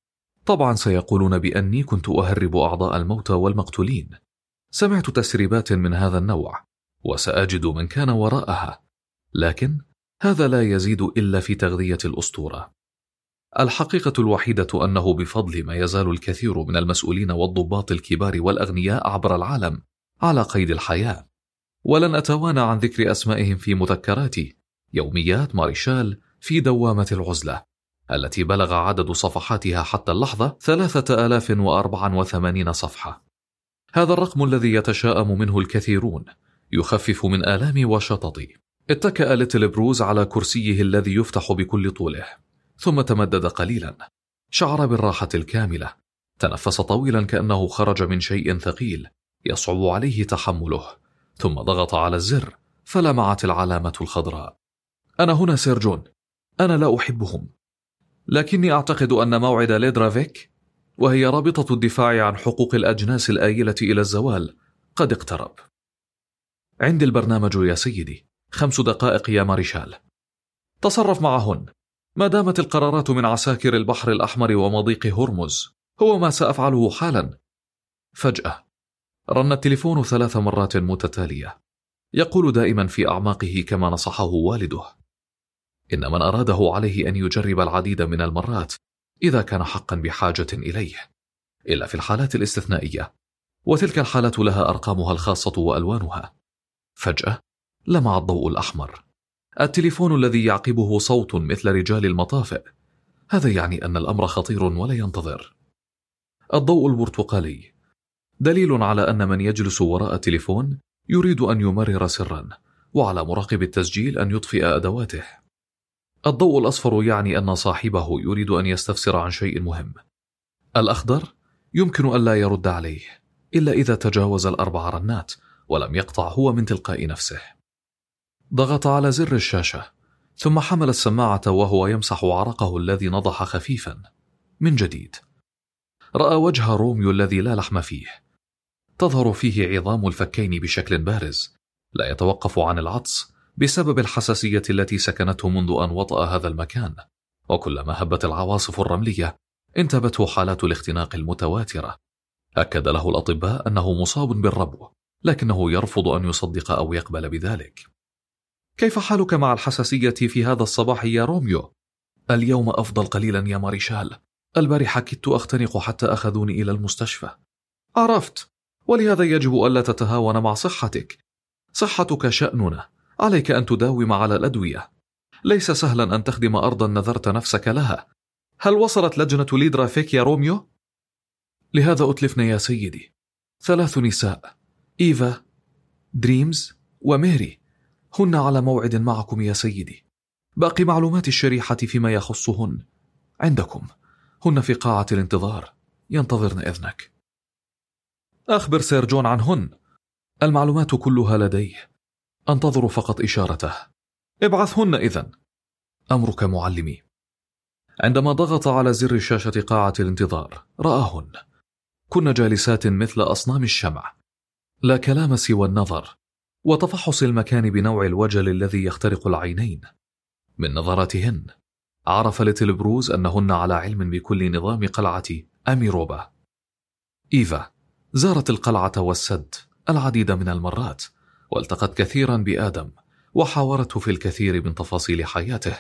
طبعا سيقولون بأني كنت أهرب أعضاء الموتى والمقتولين. سمعت تسريبات من هذا النوع وسأجد من كان وراءها، لكن هذا لا يزيد إلا في تغذية الأسطورة. الحقيقة الوحيدة أنه بفضل ما يزال الكثير من المسؤولين والضباط الكبار والأغنياء عبر العالم على قيد الحياة، ولن أتوانى عن ذكر أسمائهم في مذكراتي يوميات ماريشال في دوامة العزلة التي بلغ عدد صفحاتها حتى اللحظة ثلاثة آلاف وأربعة وثمانين صفحة. هذا الرقم الذي يتشاءم منه الكثيرون يخفف من آلامي وشططي. اتكأ ليتل بروز على كرسيه الذي يفتح بكل طوله، ثم تمدد قليلا. شعر بالراحة الكاملة، تنفس طويلا كأنه خرج من شيء ثقيل يصعب عليه تحمله، ثم ضغط على الزر فلمعت العلامة الخضراء. أنا هنا سير جون، أنا لا أحبهم، لكني أعتقد أن موعد ليدرافيك، وهي رابطة الدفاع عن حقوق الأجناس الآيلة إلى الزوال، قد اقترب. عندي البرنامج يا سيدي، خمس دقائق يا ماريشال. تصرف معهن، ما دامت القرارات من عساكر البحر الأحمر ومضيق هرمز، هو ما سأفعله حالا. فجأة رن التليفون ثلاث مرات متتالية. يقول دائما في أعماقه كما نصحه والده: إن من أراده عليه أن يجرب العديد من المرات إذا كان حقا بحاجة إليه، إلا في الحالات الاستثنائية، وتلك الحالات لها أرقامها الخاصة وألوانها. فجأة لمع الضوء الأحمر، التليفون الذي يعقبه صوت مثل رجال المطافئ. هذا يعني أن الأمر خطير ولا ينتظر. الضوء البرتقالي دليل على أن من يجلس وراء التليفون يريد أن يمرر سرا، وعلى مراقب التسجيل أن يطفئ أدواته. الضوء الأصفر يعني أن صاحبه يريد أن يستفسر عن شيء مهم. الأخضر يمكن أن لا يرد عليه إلا إذا تجاوز الأربع رنات ولم يقطع هو من تلقاء نفسه. ضغط على زر الشاشة ثم حمل السماعة وهو يمسح عرقه الذي نضح خفيفا. من جديد رأى وجه روميو الذي لا لحم فيه، تظهر فيه عظام الفكين بشكل بارز، لا يتوقف عن العطس بسبب الحساسية التي سكنته منذ أن وطأ هذا المكان، وكلما هبت العواصف الرملية انتابته حالات الاختناق المتواترة. أكد له الأطباء أنه مصاب بالربو، لكنه يرفض أن يصدق أو يقبل بذلك. كيف حالك مع الحساسية في هذا الصباح يا روميو؟ اليوم أفضل قليلا يا ماريشال، البارحة كدت أختنق حتى أخذوني إلى المستشفى. عرفت، ولهذا يجب ألا تتهاون مع صحتك. صحتك شأننا، عليك أن تداوم على الأدوية. ليس سهلا أن تخدم أرضا نذرت نفسك لها. هل وصلت لجنة ليدرافيك يا روميو؟ لهذا أتلفنا يا سيدي، ثلاث نساء، إيفا، دريمز وميري، هن على موعد معكم يا سيدي. باقي معلومات الشريحة فيما يخصهن عندكم، هن في قاعة الانتظار ينتظرن إذنك. أخبر سير جون عنهن، المعلومات كلها لديه، أنتظر فقط إشارته. ابعثهن إذن. أمرك معلمي. عندما ضغط على زر شاشة قاعة الانتظار رآهن، كن جالسات مثل أصنام الشمع، لا كلام سوى النظر وتفحص المكان بنوع الوجل الذي يخترق العينين. من نظراتهن عرف ليتل بروز أنهن على علم بكل نظام قلعة أميروبا. إيفا زارت القلعة والسد العديد من المرات، والتقت كثيرا بآدم وحاورته في الكثير من تفاصيل حياته،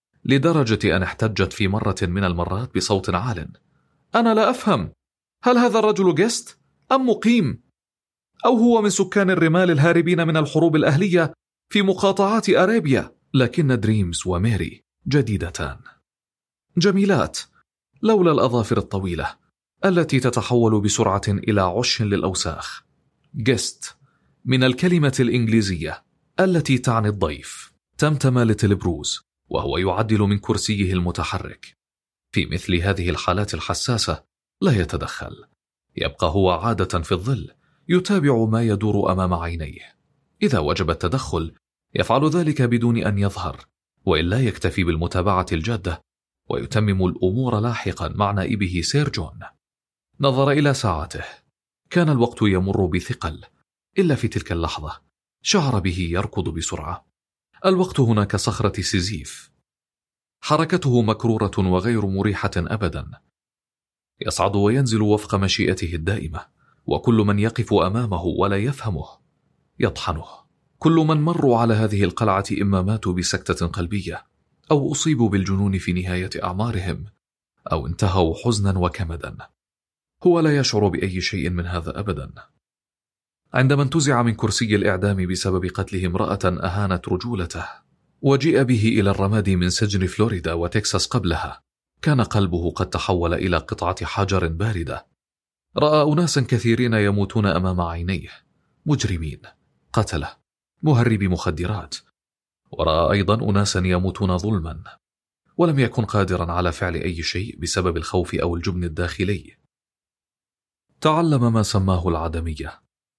لدرجة أن احتجت في مرة من المرات بصوت عال: أنا لا أفهم، هل هذا الرجل جست أم مقيم؟ أو هو من سكان الرمال الهاربين من الحروب الأهلية في مقاطعات أرابيا؟ لكن دريمز وميري جديدتان، جميلات، لولا الأظافر الطويلة التي تتحول بسرعة إلى عش للأوساخ. جست من الكلمة الإنجليزية التي تعني الضيف. تمتم ليتل بروز وهو يعدل من كرسيه المتحرك. في مثل هذه الحالات الحساسة لا يتدخل، يبقى هو عادة في الظل يتابع ما يدور أمام عينيه. إذا وجب التدخل يفعل ذلك بدون أن يظهر، وإلا يكتفي بالمتابعة الجادة ويتمم الأمور لاحقا مع نائبه سير جون. نظر إلى ساعته، كان الوقت يمر بثقل، إلا في تلك اللحظة شعر به يركض بسرعة. الوقت هنا كصخرة سيزيف، حركته مكرورة وغير مريحة أبدا، يصعد وينزل وفق مشيئته الدائمة، وكل من يقف أمامه ولا يفهمه يطحنه. كل من مروا على هذه القلعة إما ماتوا بسكتة قلبية، أو أصيبوا بالجنون في نهاية أعمارهم، أو انتهوا حزنا وكمدا. هو لا يشعر بأي شيء من هذا أبدا. عندما انتزع من كرسي الإعدام بسبب قتله امرأة أهانت رجولته، وجيء به إلى الرماد من سجن فلوريدا وتكساس قبلها، كان قلبه قد تحول إلى قطعة حجر باردة. رأى أناسا كثيرين يموتون أمام عينيه، مجرمين، قتلة، مهربي مخدرات، ورأى أيضا أناسا يموتون ظلما، ولم يكن قادرا على فعل أي شيء بسبب الخوف أو الجبن الداخلي. تعلم ما سماه العدمية،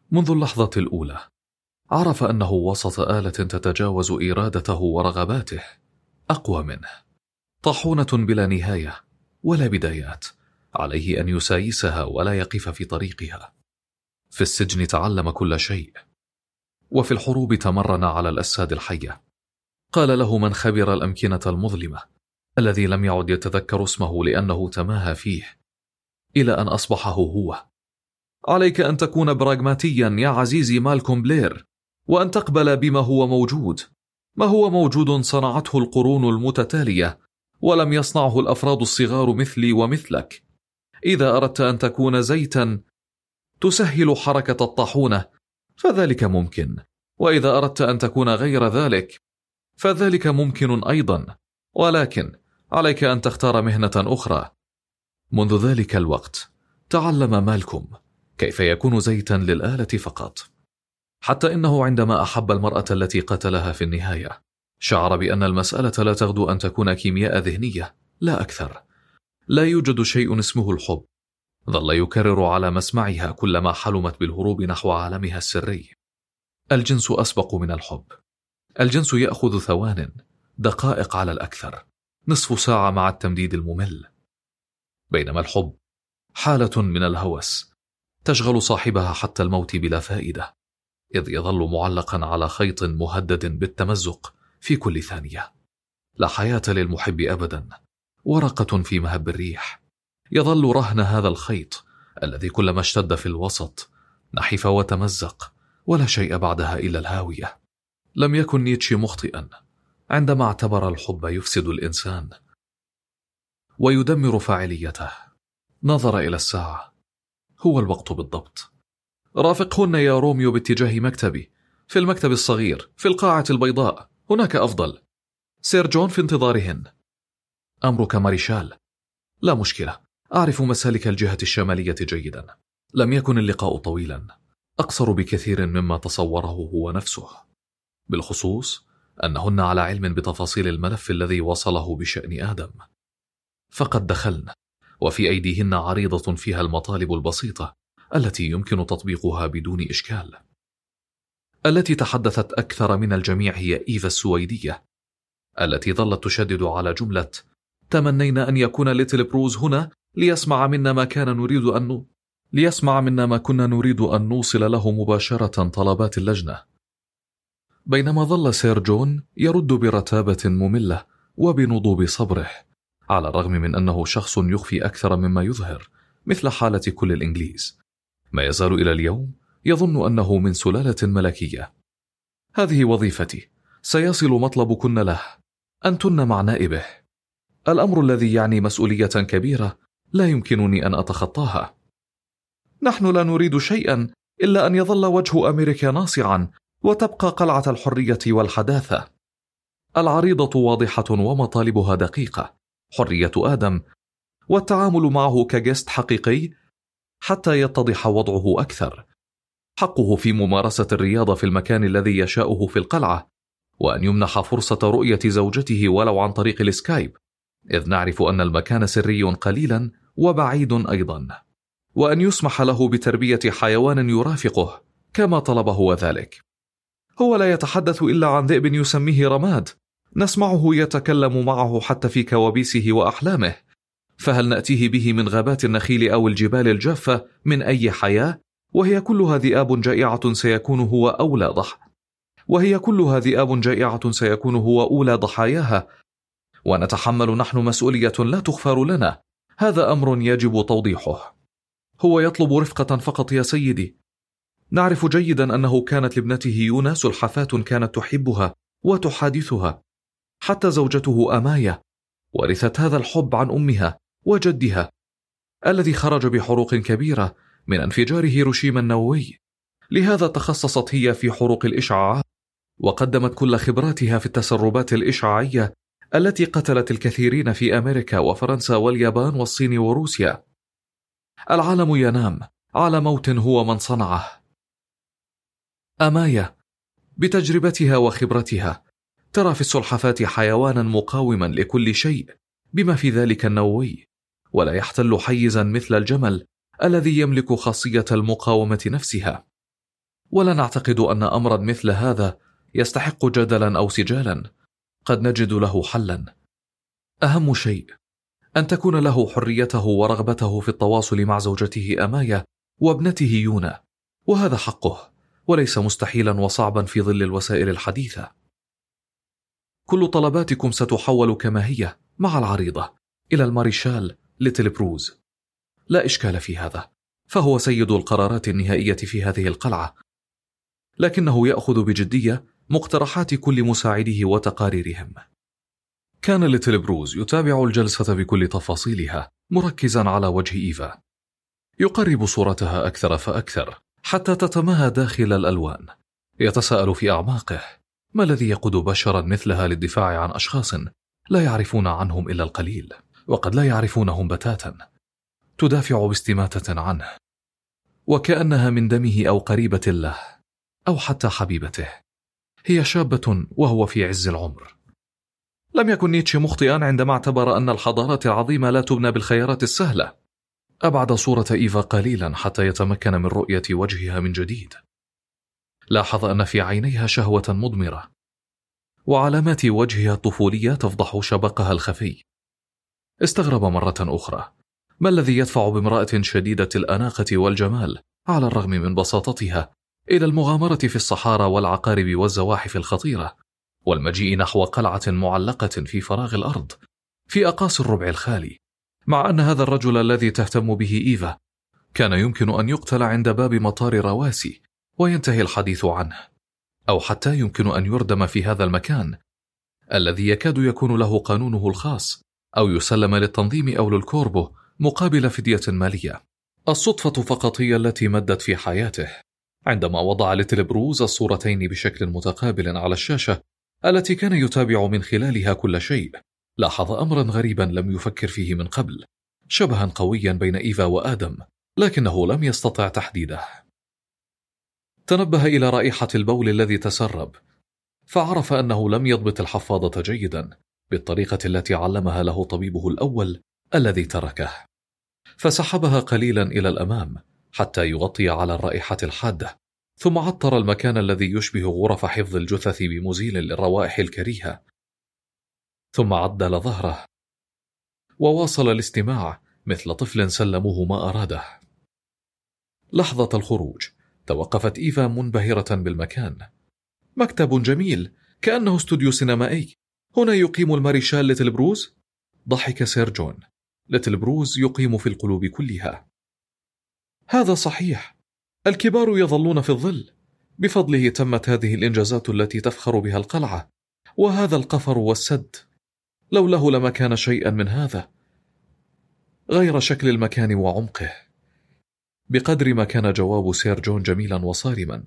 منذ اللحظة الأولى عرف أنه وسط آلة تتجاوز إرادته ورغباته، أقوى منه، طاحونة بلا نهاية ولا بدايات، عليه أن يسايسها ولا يقف في طريقها. في السجن تعلم كل شيء، وفي الحروب تمرن على الأجساد الحية. قال له من خبر الأمكنة المظلمة الذي لم يعد يتذكر اسمه لأنه تماهى فيه، إلى أن أصبحه هو. عليك أن تكون براغماتيا يا عزيزي مالكوم بلير، وأن تقبل بما هو موجود. ما هو موجود صنعته القرون المتتالية، ولم يصنعه الأفراد الصغار مثلي ومثلك. إذا أردت أن تكون زيتا تسهل حركة الطاحونة فذلك ممكن، وإذا أردت أن تكون غير ذلك فذلك ممكن أيضا، ولكن عليك أن تختار مهنة أخرى. منذ ذلك الوقت تعلم مالكوم كيف يكون زيتا للآلة فقط، حتى إنه عندما أحب المرأة التي قتلها في النهاية شعر بأن المسألة لا تغدو أن تكون كيمياء ذهنية، لا أكثر. لا يوجد شيء اسمه الحب. ظل يكرر على مسمعها كلما حلمت بالهروب نحو عالمها السري. الجنس أسبق من الحب. الجنس يأخذ ثوان، دقائق على الأكثر، نصف ساعة مع التمديد الممل، بينما الحب حالة من الهوس تشغل صاحبها حتى الموت بلا فائدة، إذ يظل معلقا على خيط مهدد بالتمزق في كل ثانية. لا حياة للمحب أبدا، ورقة في مهب الريح. يظل رهن هذا الخيط الذي كلما اشتد في الوسط نحف وتمزق، ولا شيء بعدها إلا الهاوية. لم يكن نيتشه مخطئا عندما اعتبر الحب يفسد الإنسان ويدمر فاعليته. نظر إلى الساعة. هو الوقت بالضبط. رافقهن يا روميو باتجاه مكتبي، في المكتب الصغير في القاعة البيضاء، هناك أفضل. سير جون في انتظارهن. أمرك ماريشال. لا مشكلة، أعرف مسالك الجهة الشمالية جيدا. لم يكن اللقاء طويلا، أقصر بكثير مما تصوره هو نفسه، بالخصوص أنهن على علم بتفاصيل الملف الذي وصله بشأن آدم. فقد دخلن، وفي أيديهن عريضة فيها المطالب البسيطة التي يمكن تطبيقها بدون إشكال. التي تحدثت أكثر من الجميع هي إيفا السويدية، التي ظلت تشدد على جملة تمنينا أن يكون ليتل بروز هنا ليسمع منا ما كان نريد أن ليسمع منا ما كنا نريد أن نوصل له مباشرة طلبات اللجنة. بينما ظل سير جون يرد برتابة مملة وبنضوب صبره، على الرغم من أنه شخص يخفي أكثر مما يظهر، مثل حالة كل الإنجليز. ما يزال إلى اليوم يظن أنه من سلالة ملكية. هذه وظيفتي، سيصل مطلبكن له، أنتن مع نائبه. الأمر الذي يعني مسؤولية كبيرة لا يمكنني أن أتخطاها. نحن لا نريد شيئا إلا أن يظل وجه أمريكا ناصعا وتبقى قلعة الحرية والحداثة. العريضة واضحة ومطالبها دقيقة: حرية آدم والتعامل معه كجست حقيقي حتى يتضح وضعه أكثر، حقه في ممارسة الرياضة في المكان الذي يشاءه في القلعة، وأن يمنح فرصة رؤية زوجته ولو عن طريق السكايب، إذ نعرف أن المكان سري قليلا وبعيد أيضا، وأن يسمح له بتربية حيوان يرافقه كما طلب هو ذلك. هو لا يتحدث إلا عن ذئب يسميه رماد، نسمعه يتكلم معه حتى في كوابيسه وأحلامه، فهل نأتيه به من غابات النخيل أو الجبال الجافة من أي حياة؟ وهي كلها ذئاب جائعة سيكون هو أولى ضح وهي كلها ذئاب جائعة سيكون هو أولى ضحاياها، ونتحمل نحن مسؤولية لا تغفر لنا. هذا أمر يجب توضيحه. هو يطلب رفقة فقط يا سيدي. نعرف جيدا أنه كانت لابنته يونا سلحفاة كانت تحبها وتحادثها، حتى زوجته أمايا ورثت هذا الحب عن أمها وجدها الذي خرج بحروق كبيرة من انفجار هيروشيما النووي. لهذا تخصصت هي في حروق الإشعاع، وقدمت كل خبراتها في التسربات الإشعاعية التي قتلت الكثيرين في أمريكا وفرنسا واليابان والصين وروسيا. العالم ينام على موت هو من صنعه. أمايا بتجربتها وخبرتها ترى في السلحفاة حيوانا مقاوما لكل شيء بما في ذلك النووي، ولا يحتل حيزا مثل الجمل الذي يملك خاصية المقاومة نفسها. ولا نعتقد أن أمرا مثل هذا يستحق جدلا أو سجالا. قد نجد له حلا. أهم شيء أن تكون له حريته ورغبته في التواصل مع زوجته أمايا وابنته يونا، وهذا حقه وليس مستحيلا وصعبا في ظل الوسائل الحديثة. كل طلباتكم ستحول كما هي مع العريضة إلى الماريشال ليتل بروز. لا إشكال في هذا، فهو سيد القرارات النهائية في هذه القلعة، لكنه يأخذ بجدية مقترحات كل مساعديه وتقاريرهم. كان ليتل بروز يتابع الجلسة بكل تفاصيلها، مركزا على وجه إيفا، يقرب صورتها أكثر فأكثر حتى تتماهى داخل الألوان. يتساءل في أعماقه ما الذي يقود بشرا مثلها للدفاع عن أشخاص لا يعرفون عنهم إلا القليل، وقد لا يعرفونهم بتاتا. تدافع باستماتة عنه وكأنها من دمه أو قريبة له أو حتى حبيبته. هي شابة وهو في عز العمر. لم يكن نيتشه مخطئا عندما اعتبر أن الحضارات العظيمة لا تبنى بالخيارات السهلة. أبعد صورة إيفا قليلا حتى يتمكن من رؤية وجهها من جديد. لاحظ أن في عينيها شهوة مضمرة، وعلامات وجهها الطفولية تفضح شبقها الخفي. استغرب مرة أخرى ما الذي يدفع بامرأة شديدة الأناقة والجمال على الرغم من بساطتها إلى المغامرة في الصحارى والعقارب والزواحف الخطيرة، والمجيء نحو قلعة معلقة في فراغ الأرض في أقاصي الربع الخالي، مع أن هذا الرجل الذي تهتم به إيفا كان يمكن أن يقتل عند باب مطار رواسي وينتهي الحديث عنه، أو حتى يمكن أن يردم في هذا المكان الذي يكاد يكون له قانونه الخاص، أو يسلم للتنظيم أو للكوربو مقابل فدية مالية. الصدفة فقط هي التي مدت في حياته. عندما وضع ليتل بروز الصورتين بشكل متقابل على الشاشة التي كان يتابع من خلالها كل شيء، لاحظ أمرا غريبا لم يفكر فيه من قبل، شبها قويا بين إيفا وآدم، لكنه لم يستطع تحديده. تنبه إلى رائحة البول الذي تسرب، فعرف أنه لم يضبط الحفاضة جيدا بالطريقة التي علمها له طبيبه الأول الذي تركه، فسحبها قليلا إلى الأمام حتى يغطي على الرائحة الحادة، ثم عطر المكان الذي يشبه غرف حفظ الجثث بمزيل للروائح الكريهة، ثم عدل ظهره وواصل الاستماع مثل طفل سلموه ما أراده. لحظة الخروج توقفت إيفا منبهرة بالمكان. مكتب جميل كأنه استوديو سينمائي. هنا يقيم الماريشال ليتل بروز؟ ضحك سير جون. ليتل بروز يقيم في القلوب كلها. هذا صحيح، الكبار يظلون في الظل. بفضله تمت هذه الإنجازات التي تفخر بها القلعة، وهذا القفر والسد. لوله لما كان شيئا من هذا غير شكل المكان وعمقه. بقدر ما كان جواب سير جون جميلا وصارما.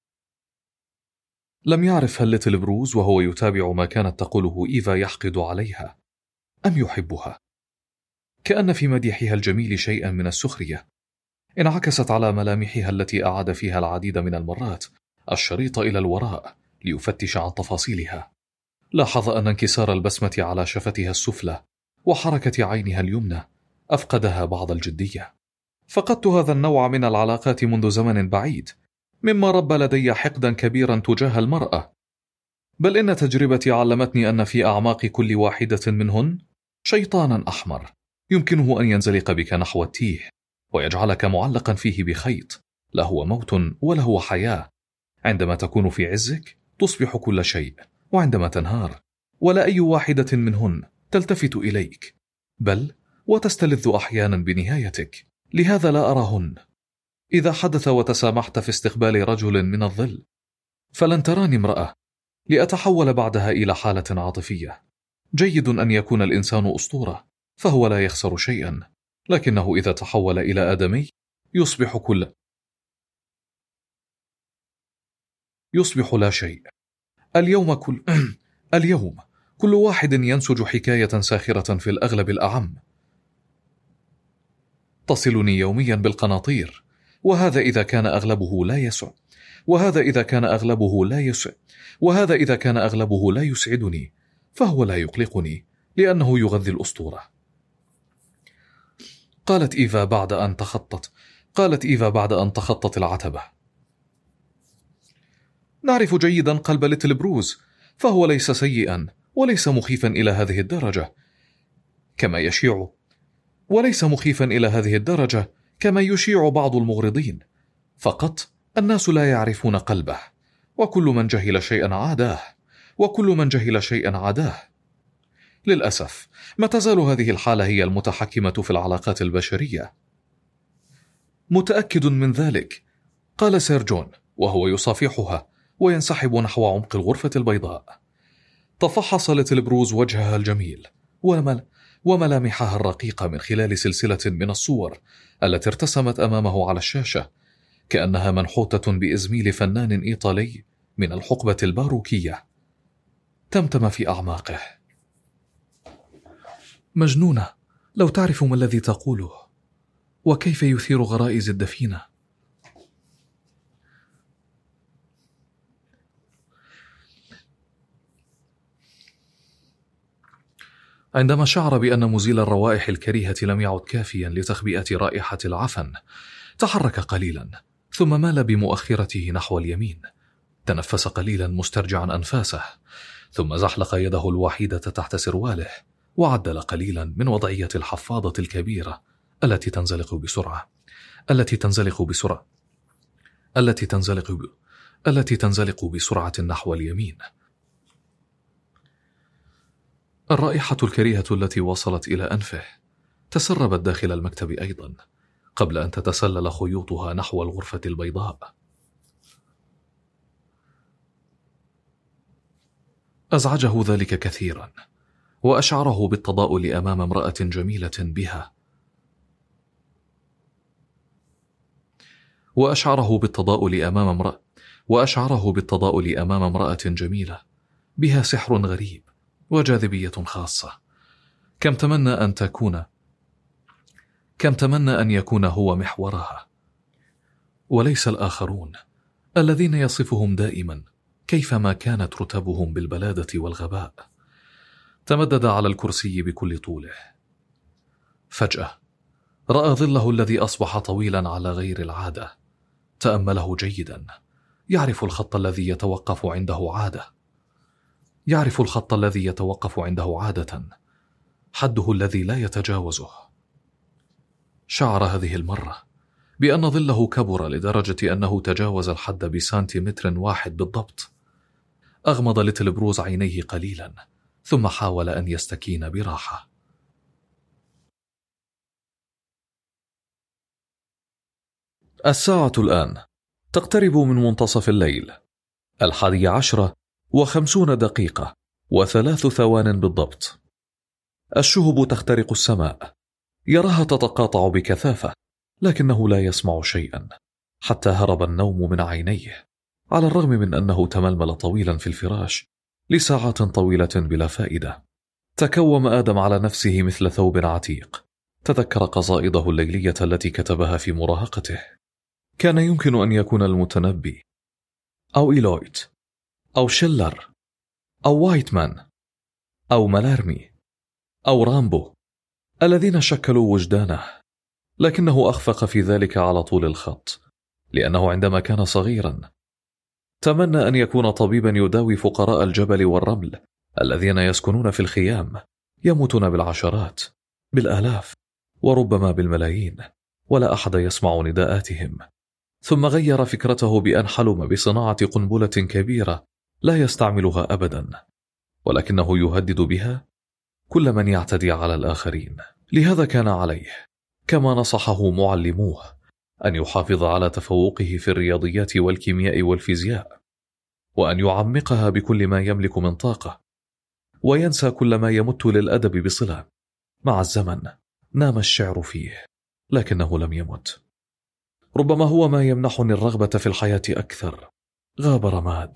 لم يعرف هل ليتل بروز وهو يتابع ما كانت تقوله إيفا يحقد عليها أم يحبها. كأن في مديحها الجميل شيئا من السخرية انعكست على ملامحها التي أعاد فيها العديد من المرات الشريط إلى الوراء ليفتش عن تفاصيلها. لاحظ أن انكسار البسمة على شفتها السفلى وحركة عينها اليمنى أفقدها بعض الجدية. فقدت هذا النوع من العلاقات منذ زمن بعيد، مما ربى لدي حقدا كبيرا تجاه المرأة. بل إن تجربتي علمتني أن في أعماق كل واحدة منهن شيطانا أحمر يمكنه أن ينزلق بك نحو التيه ويجعلك معلقا فيه بخيط، لا هو موت ولا هو حياة. عندما تكون في عزك تصبح كل شيء، وعندما تنهار ولا أي واحدة منهن تلتفت إليك، بل وتستلذ أحيانا بنهايتك. لهذا لا أراهن. إذا حدث وتسامحت في استقبال رجل من الظل فلن تراني امرأة لأتحول بعدها إلى حالة عاطفية. جيد أن يكون الإنسان أسطورة فهو لا يخسر شيئا، لكنه إذا تحول إلى آدمي يصبح كل يصبح لا شيء. اليوم كل اليوم كل واحد ينسج حكاية ساخرة في الأغلب الأعم تصلني يوميا بالقناطير، وهذا إذا كان أغلبه لا يسع وهذا إذا كان أغلبه لا يسع وهذا إذا كان أغلبه لا يسعدني، فهو لا يقلقني لأنه يغذي الأسطورة. قالت إيفا بعد أن تخطت قالت إيفا بعد أن تخطت العتبة. نعرف جيدا قلب ليتل بروز، فهو ليس سيئا وليس مخيفا إلى هذه الدرجة كما يشيع وليس مخيفا إلى هذه الدرجة كما يشيع بعض المغرضين. فقط الناس لا يعرفون قلبه، وكل من جهل شيئا عاداه وكل من جهل شيئا عاداه. للأسف ما تزال هذه الحالة هي المتحكمة في العلاقات البشرية. متأكد من ذلك، قال سير جون وهو يصافحها وينسحب نحو عمق الغرفة البيضاء. تفحص ليتل بروز وجهها الجميل ومل وملامحها الرقيقة من خلال سلسلة من الصور التي ارتسمت أمامه على الشاشة، كأنها منحوتة بإزميل فنان إيطالي من الحقبة الباروكية. تمتم في أعماقه: مجنونة، لو تعرف ما الذي تقوله وكيف يثير غرائز الدفينة. عندما شعر بأن مزيل الروائح الكريهة لم يعد كافيا لتخبئة رائحة العفن، تحرك قليلا ثم مال بمؤخرته نحو اليمين. تنفس قليلا مسترجعا أنفاسه، ثم زحلق يده الوحيدة تحت سرواله وعدل قليلا من وضعية الحفاضة الكبيرة التي تنزلق بسرعة التي تنزلق بسرعة التي تنزلق ب... التي تنزلق بسرعة نحو اليمين. الرائحة الكريهة التي وصلت إلى أنفه تسربت داخل المكتب أيضا قبل أن تتسلل خيوطها نحو الغرفة البيضاء. أزعجه ذلك كثيرا، وأشعره بالتضاؤل أمام امرأة جميلة بها وأشعره بالتضاؤل أمام امرأة وأشعره بالتضاؤل أمام امرأة جميلة بها سحر غريب وجاذبية خاصة. كم تمنى أن تكون كم تمنى أن يكون هو محورها وليس الآخرون الذين يصفهم دائما كيفما كانت رتبهم بالبلادة والغباء. تمدد على الكرسي بكل طوله. فجأة رأى ظله الذي أصبح طويلا على غير العادة. تأمله جيدا. يعرف الخط الذي يتوقف عنده عادة يعرف الخط الذي يتوقف عنده عادة حده الذي لا يتجاوزه. شعر هذه المرة بأن ظله كبر لدرجة أنه تجاوز الحد بسنتيمتر واحد بالضبط. أغمض ليتل بروز عينيه قليلا ثم حاول أن يستكين براحة. الساعة الآن تقترب من منتصف الليل، الحادية عشرة وخمسون دقيقة وثلاث ثوان بالضبط. الشهب تخترق السماء، يراها تتقاطع بكثافة، لكنه لا يسمع شيئا حتى هرب النوم من عينيه، على الرغم من أنه تململ طويلا في الفراش لساعات طويلة بلا فائدة. تكوم آدم على نفسه مثل ثوب عتيق. تذكر قصائده الليلية التي كتبها في مراهقته. كان يمكن أن يكون المتنبي أو إيلويت أو شيلر أو وايتمان أو مالارمي أو رامبو الذين شكلوا وجدانه، لكنه أخفق في ذلك على طول الخط، لأنه عندما كان صغيرا تمنى أن يكون طبيبا يداوي فقراء الجبل والرمل الذين يسكنون في الخيام، يموتون بالعشرات بالآلاف وربما بالملايين، ولا أحد يسمع نداءاتهم. ثم غير فكرته بأن حلم بصناعة قنبلة كبيرة لا يستعملها أبدا، ولكنه يهدد بها كل من يعتدي على الآخرين. لهذا كان عليه، كما نصحه معلموه، أن يحافظ على تفوقه في الرياضيات والكيمياء والفيزياء، وأن يعمقها بكل ما يملك من طاقة، وينسى كل ما يمت للأدب بصلة. مع الزمن نام الشعر فيه، لكنه لم يمت. ربما هو ما يمنحني الرغبة في الحياة أكثر. غاب رماد.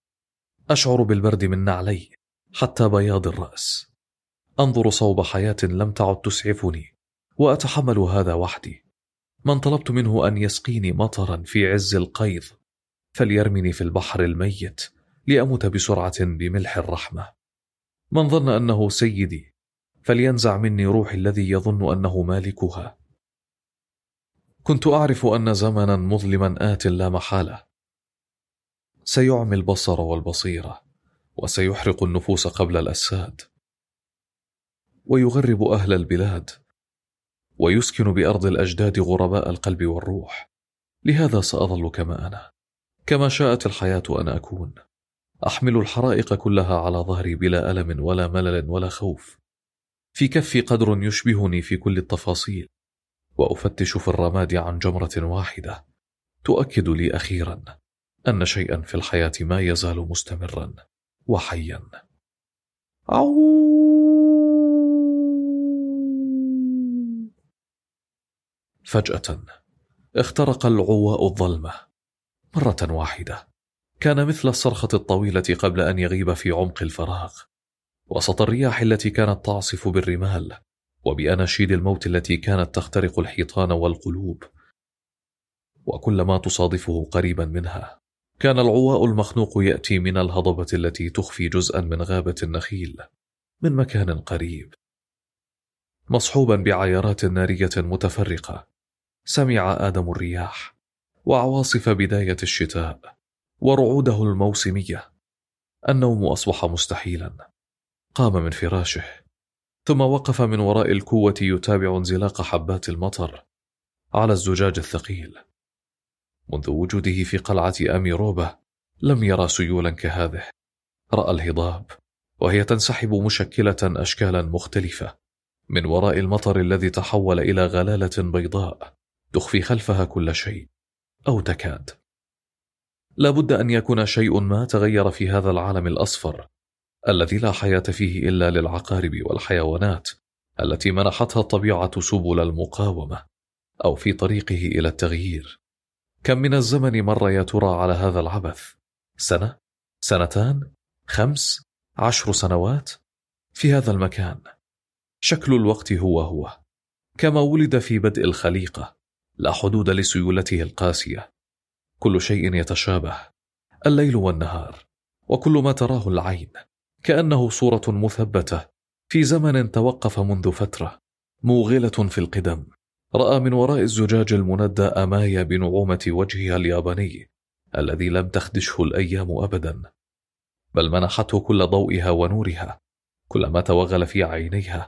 أشعر بالبرد من نعلي حتى بياض الرأس. أنظر صوب حياة لم تعد تسعفني، وأتحمل هذا وحدي. من طلبت منه أن يسقيني مطرا في عز القيظ فليرمني في البحر الميت لأموت بسرعة بملح الرحمة. من ظن أنه سيدي فلينزع مني روحي الذي يظن أنه مالكها. كنت أعرف أن زمنا مظلما آت لا محالة. سيعمي البصر والبصيرة، وسيحرق النفوس قبل الأجساد، ويغرب أهل البلاد، ويسكن بأرض الأجداد غرباء القلب والروح. لهذا سأظل كما أنا، كما شاءت الحياة أن أكون، أحمل الحرائق كلها على ظهري بلا ألم ولا ملل ولا خوف. في كفي قدر يشبهني في كل التفاصيل، وأفتش في الرماد عن جمرة واحدة تؤكد لي أخيرا أن شيئا في الحياة ما يزال مستمرا وحيا. عو فجأة اخترق العواء الظلمة مرة واحدة، كان مثل الصرخة الطويلة قبل أن يغيب في عمق الفراغ، وسط الرياح التي كانت تعصف بالرمال، وبأناشيد الموت التي كانت تخترق الحيطان والقلوب. وكل ما تصادفه قريبا منها كان العواء المخنوق يأتي من الهضبة التي تخفي جزءا من غابة النخيل من مكان قريب، مصحوبا بعيارات نارية متفرقة. سمع آدم الرياح وعواصف بداية الشتاء ورعوده الموسمية. النوم أصبح مستحيلا. قام من فراشه، ثم وقف من وراء الكوة يتابع انزلاق حبات المطر على الزجاج الثقيل. منذ وجوده في قلعة أميروبا لم يرى سيولا كهذه. رأى الهضاب وهي تنسحب مشكلة أشكالا مختلفة من وراء المطر الذي تحول إلى غلالة بيضاء تخفي خلفها كل شيء أو تكاد. لا بد أن يكون شيء ما تغير في هذا العالم الأصفر الذي لا حياة فيه إلا للعقارب والحيوانات التي منحتها الطبيعة سبل المقاومة أو في طريقه إلى التغيير. كم من الزمن مر يا ترى على هذا العبث؟ سنة؟ سنتان؟ خمس؟ عشر سنوات؟ في هذا المكان شكل الوقت هو هو، كما ولد في بدء الخليقة، لا حدود لسيولته القاسية. كل شيء يتشابه، الليل والنهار، وكل ما تراه العين كأنه صورة مثبتة في زمن توقف منذ فترة موغلة في القدم. رأى من وراء الزجاج المندى أمايا بنعومة وجهها الياباني الذي لم تخدشه الأيام أبدا، بل منحته كل ضوئها ونورها كلما توغل في عينيها.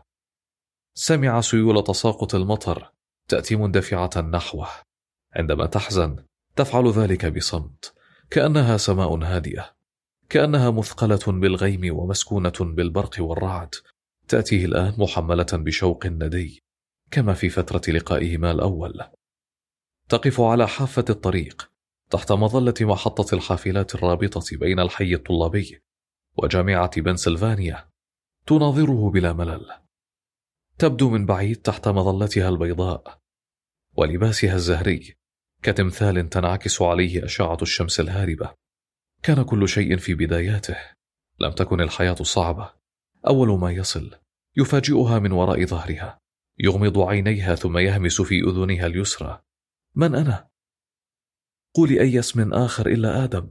سمع سيول تساقط المطر تأتي مندفعة نحوه. عندما تحزن تفعل ذلك بصمت، كأنها سماء هادئة، كأنها مثقلة بالغيم ومسكونة بالبرق والرعد، تأتيه الآن محملة بشوق ندي كما في فترة لقائهما الأول. تقف على حافة الطريق تحت مظلة محطة الحافلات الرابطة بين الحي الطلابي وجامعة بنسلفانيا، تناظره بلا ملل. تبدو من بعيد تحت مظلتها البيضاء ولباسها الزهري كتمثال تنعكس عليه أشعة الشمس الهاربة. كان كل شيء في بداياته. لم تكن الحياة صعبة. أول ما يصل يفاجئها من وراء ظهرها، يغمض عينيها ثم يهمس في أذنها اليسرى: من أنا؟ قولي أي اسم آخر إلا آدم.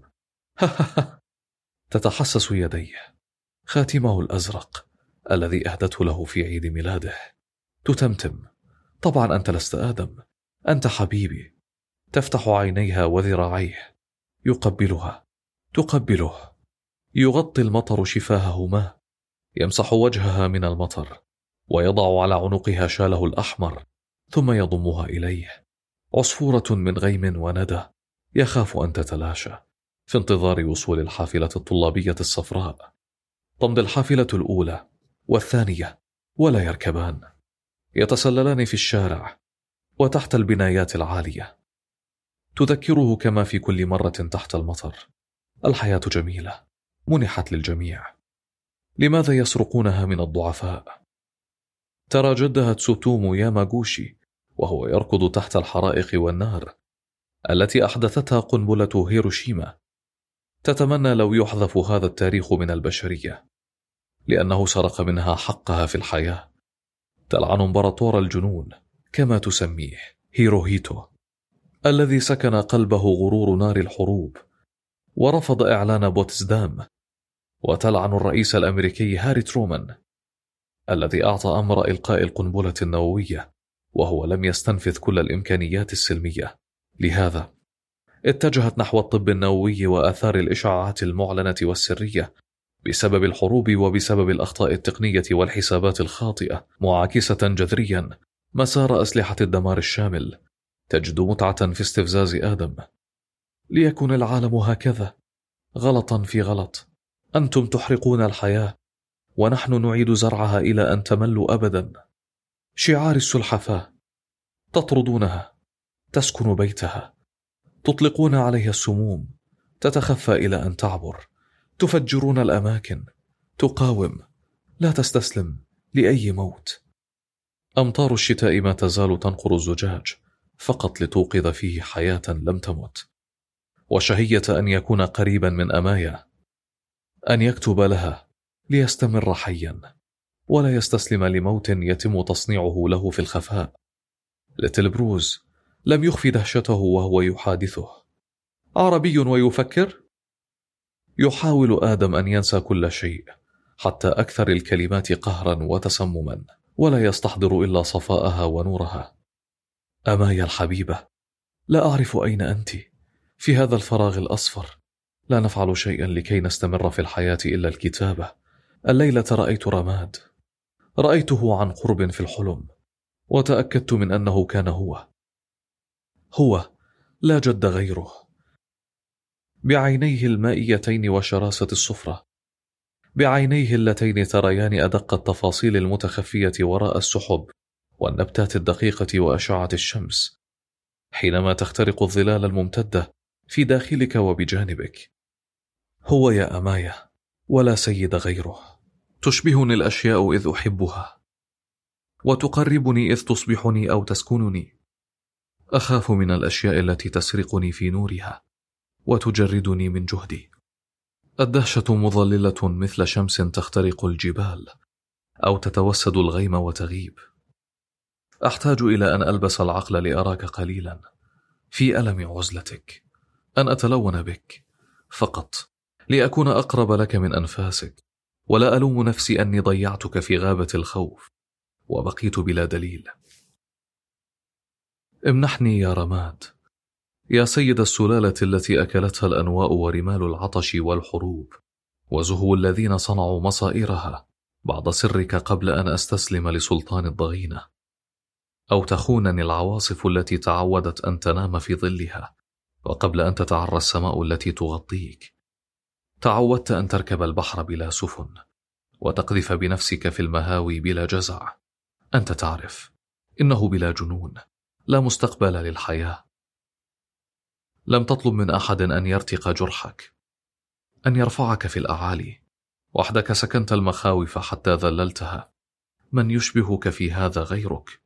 تتحسس يديه، خاتمه الأزرق الذي أهدته له في عيد ميلاده. تتمتم: طبعا أنت لست آدم، أنت حبيبي. تفتح عينيها وذراعيه، يقبلها، تقبله. يغطي المطر شفاههما، يمسح وجهها من المطر ويضع على عنقها شاله الأحمر ثم يضمها إليه. عصفورة من غيم وندى يخاف أن تتلاشى في انتظار وصول الحافلة الطلابية الصفراء. تمضي الحافلة الأولى والثانية ولا يركبان، يتسللان في الشارع وتحت البنايات العالية. تذكره كما في كل مرة تحت المطر: الحياة جميلة، منحت للجميع، لماذا يسرقونها من الضعفاء؟ ترى جدها تسوتومو ياماغوشي وهو يركض تحت الحرائق والنار التي أحدثتها قنبلة هيروشيما. تتمنى لو يحذف هذا التاريخ من البشرية، لأنه سرق منها حقها في الحياة. تلعن امبراطور الجنون كما تسميه هيروهيتو، الذي سكن قلبه غرور نار الحروب ورفض إعلان بوتسدام. وتلعن الرئيس الأمريكي هاري ترومان الذي أعطى أمر إلقاء القنبلة النووية وهو لم يستنفذ كل الإمكانيات السلمية. لهذا اتجهت نحو الطب النووي وآثار الإشعاعات المعلنة والسرية بسبب الحروب وبسبب الأخطاء التقنية والحسابات الخاطئة، معاكسة جذريا مسار أسلحة الدمار الشامل. تجد متعة في استفزاز آدم. ليكن العالم هكذا، غلطا في غلط. أنتم تحرقون الحياة ونحن نعيد زرعها إلى أن تملوا أبدا. شعار السلحفاة، تطردونها، تسكن بيتها، تطلقون عليها السموم، تتخفى إلى أن تعبر، تفجرون الأماكن، تقاوم، لا تستسلم لأي موت. أمطار الشتاء ما تزال تنقر الزجاج فقط لتوقظ فيه حياة لم تمت، وشهية أن يكون قريبا من أمايا، أن يكتب لها ليستمر حيا ولا يستسلم لموت يتم تصنيعه له في الخفاء. ليتل بروز لم يخفي دهشته وهو يحادثه. عربي ويفكر؟ يحاول آدم أن ينسى كل شيء حتى أكثر الكلمات قهرا وتسمما، ولا يستحضر إلا صفاءها ونورها. أمايا الحبيبة، لا أعرف أين أنت في هذا الفراغ الأصفر. لا نفعل شيئا لكي نستمر في الحياة إلا الكتابة. الليلة رأيت رماد، رأيته عن قرب في الحلم، وتأكدت من أنه كان هو هو لا جد غيره. بعينيه المائيتين وشراسة الصفرة، بعينيه اللتين تريان أدق التفاصيل المتخفية وراء السحب والنبتات الدقيقة وأشعة الشمس حينما تخترق الظلال الممتدة في داخلك وبجانبك. هو يا أمايا، ولا سيد غيره. تشبهني الأشياء إذ أحبها، وتقربني إذ تصبحني أو تسكنني. أخاف من الأشياء التي تسرقني في نورها وتجردني من جهدي. الدهشة مظللة مثل شمس تخترق الجبال أو تتوسد الغيم وتغيب. أحتاج إلى أن ألبس العقل لأراك قليلا في ألم عزلتك، أن أتلون بك فقط لأكون أقرب لك من أنفاسك، ولا ألوم نفسي أني ضيعتك في غابة الخوف وبقيت بلا دليل. امنحني يا رماد، يا سيد السلالة التي أكلتها الأنواء ورمال العطش والحروب وزهو الذين صنعوا مصائرها بعد سرك قبل أن أستسلم لسلطان الضغينة، أو تخونني العواصف التي تعودت أن تنام في ظلها وقبل أن تتعرى السماء التي تغطيك. تعودت أن تركب البحر بلا سفن وتقذف بنفسك في المهاوي بلا جزع. أنت تعرف إنه بلا جنون، لا مستقبل للحياة. لم تطلب من أحد أن يرتق جرحك، أن يرفعك في الأعالي. وحدك سكنت المخاوف حتى ذللتها. من يشبهك في هذا غيرك؟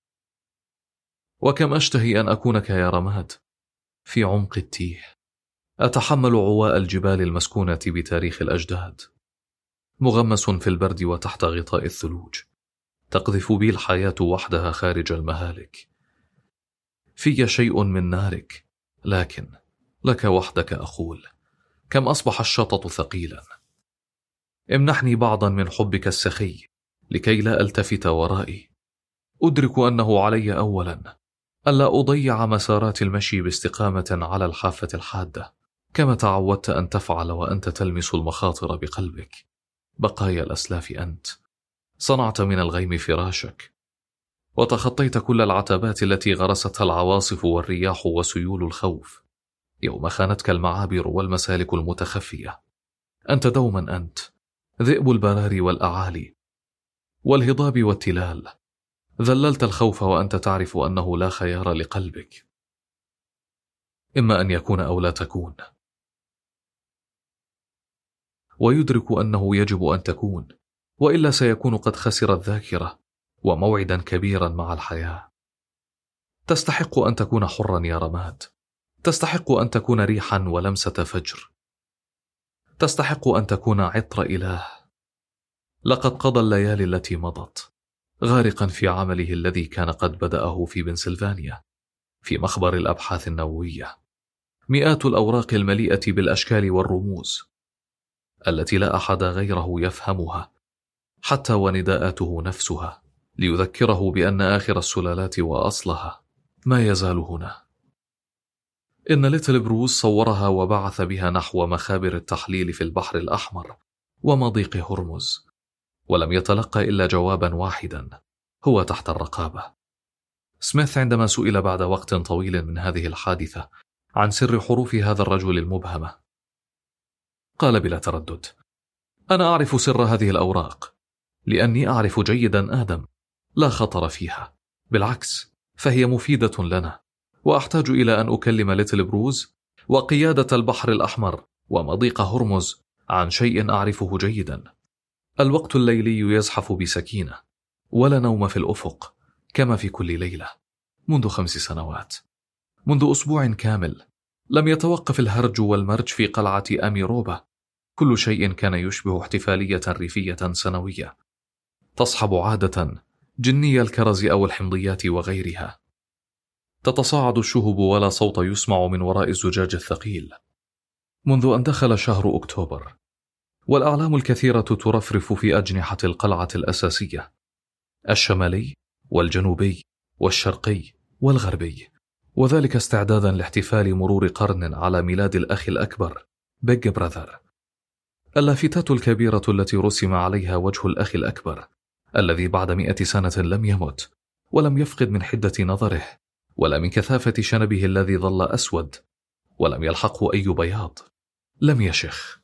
وكم أشتهي أن أكونك يا رماد في عمق التيه، أتحمل عواء الجبال المسكونة بتاريخ الأجداد، مغمس في البرد وتحت غطاء الثلوج، تقذف بي الحياة وحدها خارج المهالك. في شيء من نارك، لكن لك وحدك أقول كم أصبح الشطط ثقيلا. امنحني بعضا من حبك السخي لكي لا ألتفت ورائي. أدرك أنه علي أولا ألا أضيع مسارات المشي باستقامة على الحافة الحادة كما تعودت أن تفعل وأنت تلمس المخاطر بقلبك. بقايا الأسلاف أنت، صنعت من الغيم فراشك وتخطيت كل العتبات التي غرستها العواصف والرياح وسيول الخوف يوم خانتك المعابر والمسالك المتخفية. أنت دوما أنت، ذئب البراري والأعالي والهضاب والتلال. ذللت الخوف وأنت تعرف أنه لا خيار لقلبك، إما أن يكون أو لا تكون، ويدرك أنه يجب أن تكون، وإلا سيكون قد خسر الذاكرة وموعدا كبيرا مع الحياة. تستحق أن تكون حرا يا رماد، تستحق أن تكون ريحا ولمسة فجر، تستحق أن تكون عطر إله. لقد قضى الليالي التي مضت غارقا في عمله الذي كان قد بدأه في بنسلفانيا في مخبر الأبحاث النووية. مئات الأوراق المليئة بالأشكال والرموز التي لا أحد غيره يفهمها، حتى ونداءاته نفسها، ليذكره بأن آخر السلالات وأصلها ما يزال هنا. إن ليتل بروز صورها وبعث بها نحو مخابر التحليل في البحر الأحمر ومضيق هرمز، ولم يتلقى إلا جوابا واحدا: هو تحت الرقابة. سميث عندما سئل بعد وقت طويل من هذه الحادثة عن سر حروف هذا الرجل المبهمة، قال بلا تردد: أنا أعرف سر هذه الأوراق لأني أعرف جيدا آدم، لا خطر فيها، بالعكس فهي مفيدة لنا، وأحتاج إلى أن أكلم ليتل بروز وقيادة البحر الأحمر ومضيق هرمز عن شيء أعرفه جيدا. الوقت الليلي يزحف بسكينة، ولا نوم في الأفق كما في كل ليلة منذ خمس سنوات. منذ أسبوع كامل لم يتوقف الهرج والمرج في قلعة أميروبا. كل شيء كان يشبه احتفالية ريفية سنوية تصحب عادة جني الكرز أو الحمضيات وغيرها. تتصاعد الشهب ولا صوت يسمع من وراء الزجاج الثقيل منذ أن دخل شهر أكتوبر، والأعلام الكثيرة ترفرف في أجنحة القلعة الأساسية: الشمالي والجنوبي والشرقي والغربي، وذلك استعدادا لاحتفال مرور قرن على ميلاد الأخ الأكبر بيج براذر. اللافتات الكبيرة التي رسم عليها وجه الأخ الأكبر الذي بعد مئة سنة لم يمت ولم يفقد من حدة نظره ولا من كثافة شنبه الذي ظل أسود ولم يلحقه أي بياض، لم يشخ.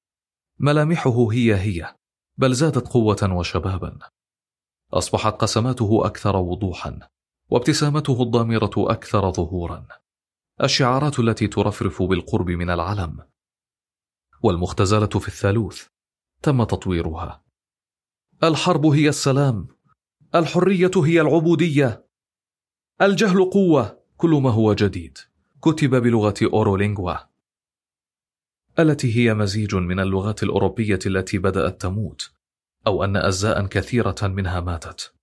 ملامحه هي هي، بل زادت قوة وشبابا. أصبحت قسماته أكثر وضوحا، وابتسامته الضامرة أكثر ظهورا. الشعارات التي ترفرف بالقرب من العلم والمختزلة في الثالوث تم تطويرها: الحرب هي السلام، الحرية هي العبودية، الجهل قوة، كل ما هو جديد كتب بلغة أورولينغوا التي هي مزيج من اللغات الأوروبية التي بدأت تموت، أو أن أجزاء كثيرة منها ماتت.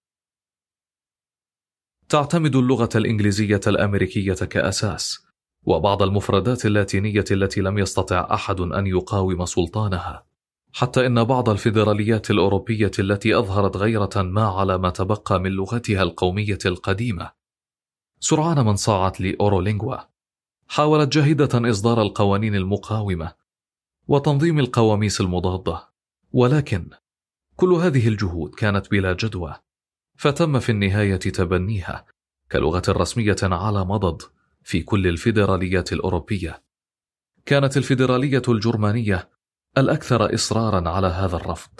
تعتمد اللغة الإنجليزية الأمريكية كأساس، وبعض المفردات اللاتينية التي لم يستطع أحد أن يقاوم سلطانها، حتى إن بعض الفيدراليات الأوروبية التي أظهرت غيرة ما على ما تبقى من لغتها القومية القديمة سرعان من صاعت لأورولينغوا. حاولت جاهدة إصدار القوانين المقاومة وتنظيم القواميس المضادة، ولكن كل هذه الجهود كانت بلا جدوى، فتم في النهاية تبنيها كلغة رسمية على مضض في كل الفيدراليات الأوروبية. كانت الفيدرالية الجرمانية الأكثر إصرارا على هذا الرفض،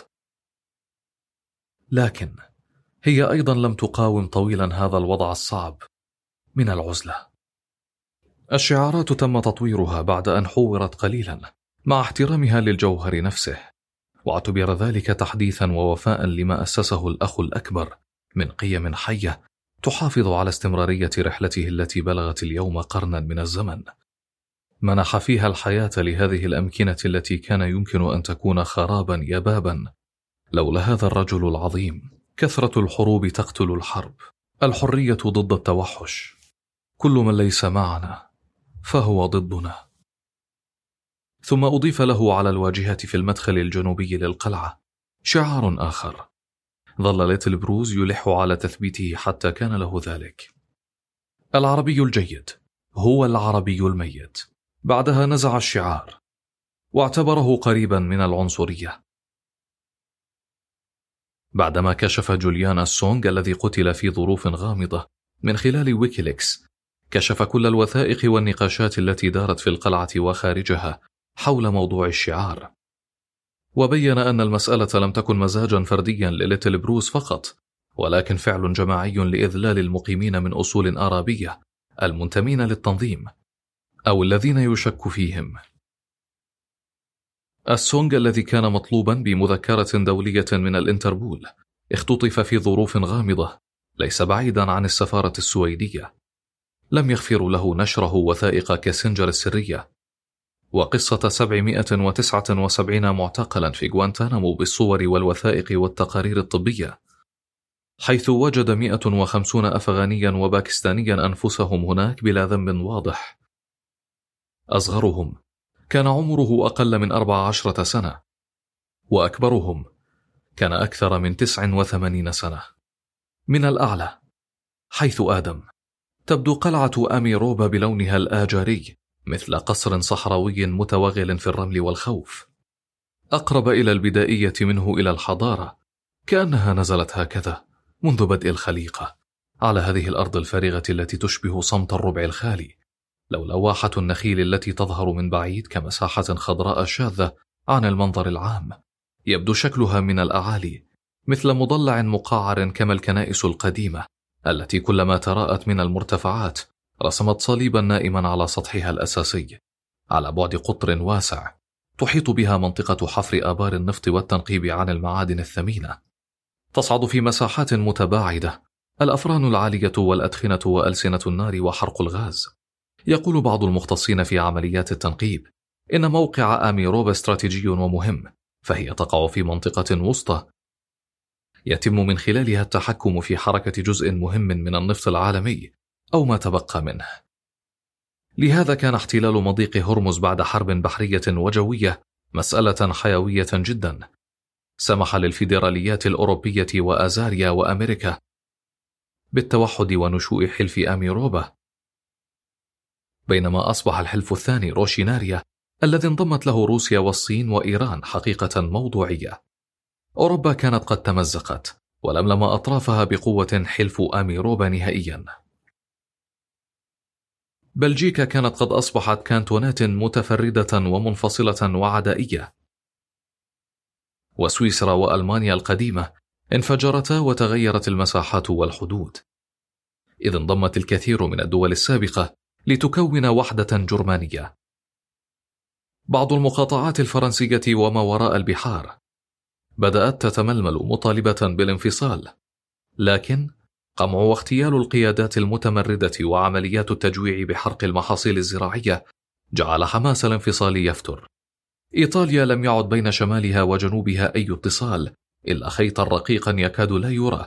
لكن هي أيضا لم تقاوم طويلا هذا الوضع الصعب من العزلة. الشعارات تم تطويرها بعد أن حورت قليلا مع احترامها للجوهر نفسه، واعتبر ذلك تحديثا ووفاء لما أسسه الأخ الأكبر من قيم حية تحافظ على استمرارية رحلته التي بلغت اليوم قرنا من الزمن، منح فيها الحياة لهذه الأمكنة التي كان يمكن أن تكون خرابا يبابا لولا هذا الرجل العظيم. كثرة الحروب تقتل الحرب، الحرية ضد التوحش، كل من ليس معنا فهو ضدنا. ثم أضيف له على الواجهة في المدخل الجنوبي للقلعة شعار آخر ظل ليتل بروز يلح على تثبيته حتى كان له ذلك: العربي الجيد هو العربي الميت. بعدها نزع الشعار واعتبره قريبا من العنصرية. بعدما كشف جوليان أسونغ الذي قتل في ظروف غامضة من خلال ويكيليكس، كشف كل الوثائق والنقاشات التي دارت في القلعة وخارجها حول موضوع الشعار، وبين أن المسألة لم تكن مزاجا فرديا لليتل بروز فقط، ولكن فعل جماعي لإذلال المقيمين من أصول أرابية المنتمين للتنظيم أو الذين يشك فيهم. السونغ الذي كان مطلوبا بمذكرة دولية من الانتربول اختطف في ظروف غامضة ليس بعيدا عن السفارة السويدية. لم يغفروا له نشره وثائق كيسنجر السرية وقصة سبعمائة وتسعة وسبعين معتقلا في غوانتانامو بالصور والوثائق والتقارير الطبية، حيث وجد مئة وخمسين أفغانيا وباكستانيا أنفسهم هناك بلا ذنب واضح. أصغرهم كان عمره أقل من أربع عشرة سنة، وأكبرهم كان أكثر من تسع وثمانين سنة. من الأعلى حيث آدم تبدو قلعة أميروبا بلونها الآجري مثل قصر صحراوي متوغل في الرمل والخوف، أقرب إلى البدائية منه إلى الحضارة، كأنها نزلت هكذا منذ بدء الخليقة على هذه الأرض الفارغة التي تشبه صمت الربع الخالي، لولا واحة النخيل التي تظهر من بعيد كمساحة خضراء شاذة عن المنظر العام. يبدو شكلها من الأعالي مثل مضلع مقعر كما الكنائس القديمة التي كلما تراءت من المرتفعات رسمت صليبا نائما على سطحها الأساسي. على بعد قطر واسع تحيط بها منطقة حفر آبار النفط والتنقيب عن المعادن الثمينة. تصعد في مساحات متباعدة الأفران العالية والأدخنة وألسنة النار وحرق الغاز. يقول بعض المختصين في عمليات التنقيب إن موقع أميروبا استراتيجي ومهم، فهي تقع في منطقة وسطى يتم من خلالها التحكم في حركة جزء مهم من النفط العالمي أو ما تبقى منه. لهذا كان احتلال مضيق هرمز بعد حرب بحرية وجوية مسألة حيوية جدا، سمح للفيدراليات الأوروبية وأزاريا وأمريكا بالتوحد ونشوء حلف أميروبا، بينما أصبح الحلف الثاني روشيناريا الذي انضمت له روسيا والصين وإيران حقيقة موضوعية. أوروبا كانت قد تمزقت ولملم أطرافها بقوة حلف أميروبا نهائيا. بلجيكا كانت قد أصبحت كانتونات متفردة ومنفصلة وعدائية، وسويسرا وألمانيا القديمة انفجرتا وتغيرت المساحات والحدود، إذ انضمت الكثير من الدول السابقة لتكون وحدة جرمانية. بعض المقاطعات الفرنسية وما وراء البحار بدأت تتململ مطالبة بالانفصال، لكن قمع واغتيال القيادات المتمردة وعمليات التجويع بحرق المحاصيل الزراعية جعل حماس الانفصال يفتر. إيطاليا لم يعد بين شمالها وجنوبها أي اتصال إلا خيطا رقيقا يكاد لا يرى،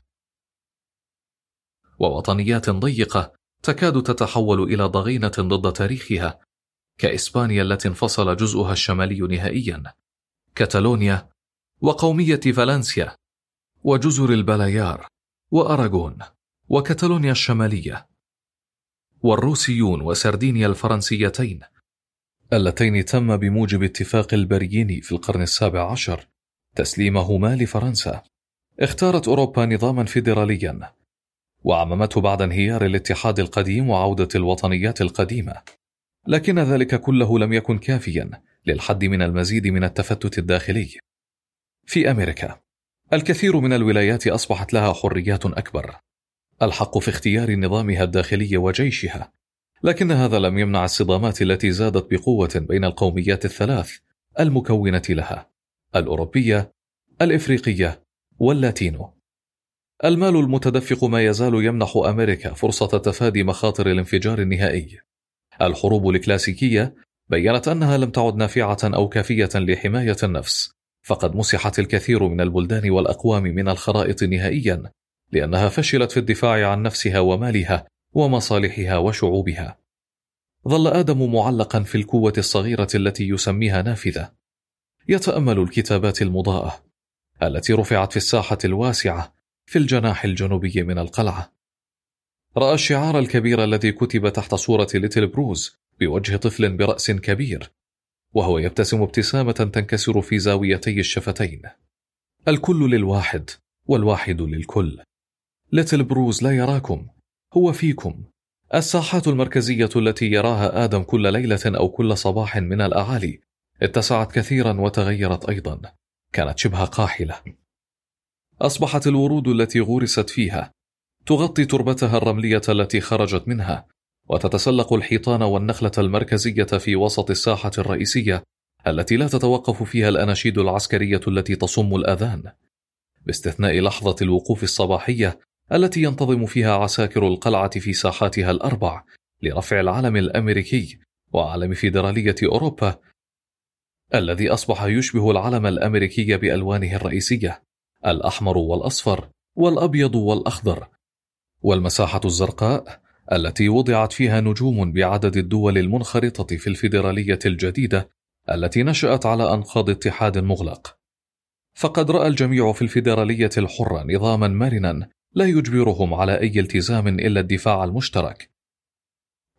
ووطنيات ضيقة تكاد تتحول إلى ضغينة ضد تاريخها، كإسبانيا التي انفصل جزءها الشمالي نهائيا، كتالونيا وقومية فالنسيا وجزر البلايار وأراغون وكتالونيا الشمالية، والروسيون وسردينيا الفرنسيتين اللتين تم بموجب اتفاق البريين في القرن السابع عشر تسليمهما لفرنسا. اختارت أوروبا نظاما فيدراليا وعممته بعد انهيار الاتحاد القديم وعودة الوطنيات القديمة، لكن ذلك كله لم يكن كافيا للحد من المزيد من التفتت الداخلي. في أمريكا الكثير من الولايات أصبحت لها حريات أكبر، الحق في اختيار نظامها الداخلي وجيشها، لكن هذا لم يمنع الصدامات التي زادت بقوة بين القوميات الثلاث المكونة لها: الأوروبية، الإفريقية، واللاتينو. المال المتدفق ما يزال يمنح أمريكا فرصة تفادي مخاطر الانفجار النهائي. الحروب الكلاسيكية بيّنت أنها لم تعد نافعة أو كافية لحماية النفس، فقد مسحت الكثير من البلدان والأقوام من الخرائط نهائيا لأنها فشلت في الدفاع عن نفسها ومالها ومصالحها وشعوبها. ظل آدم معلقا في الكوة الصغيرة التي يسميها نافذة، يتأمل الكتابات المضاءة التي رفعت في الساحة الواسعة في الجناح الجنوبي من القلعة. رأى الشعار الكبير الذي كتب تحت صورة ليتل بروز بوجه طفل برأس كبير، وهو يبتسم ابتسامة تنكسر في زاويتي الشفتين: الكل للواحد والواحد للكل. ليتل بروز لا يراكم، هو فيكم. الساحات المركزية التي يراها آدم كل ليلة أو كل صباح من الأعالي اتسعت كثيرا وتغيرت أيضا، كانت شبه قاحلة. أصبحت الورود التي غرست فيها تغطي تربتها الرملية التي خرجت منها، وتتسلق الحيطان والنخلة المركزية في وسط الساحة الرئيسية التي لا تتوقف فيها الأناشيد العسكرية التي تصم الأذان، باستثناء لحظة الوقوف الصباحية التي ينتظم فيها عساكر القلعة في ساحاتها الأربع لرفع العلم الأمريكي وعلم فيدرالية أوروبا الذي أصبح يشبه العلم الأمريكي بألوانه الرئيسية: الأحمر والأصفر والأبيض والأخضر، والمساحة الزرقاء التي وضعت فيها نجوم بعدد الدول المنخرطة في الفيدرالية الجديدة التي نشأت على أنقاض اتحاد مغلق. فقد رأى الجميع في الفيدرالية الحرة نظاما مرنا لا يجبرهم على أي التزام إلا الدفاع المشترك،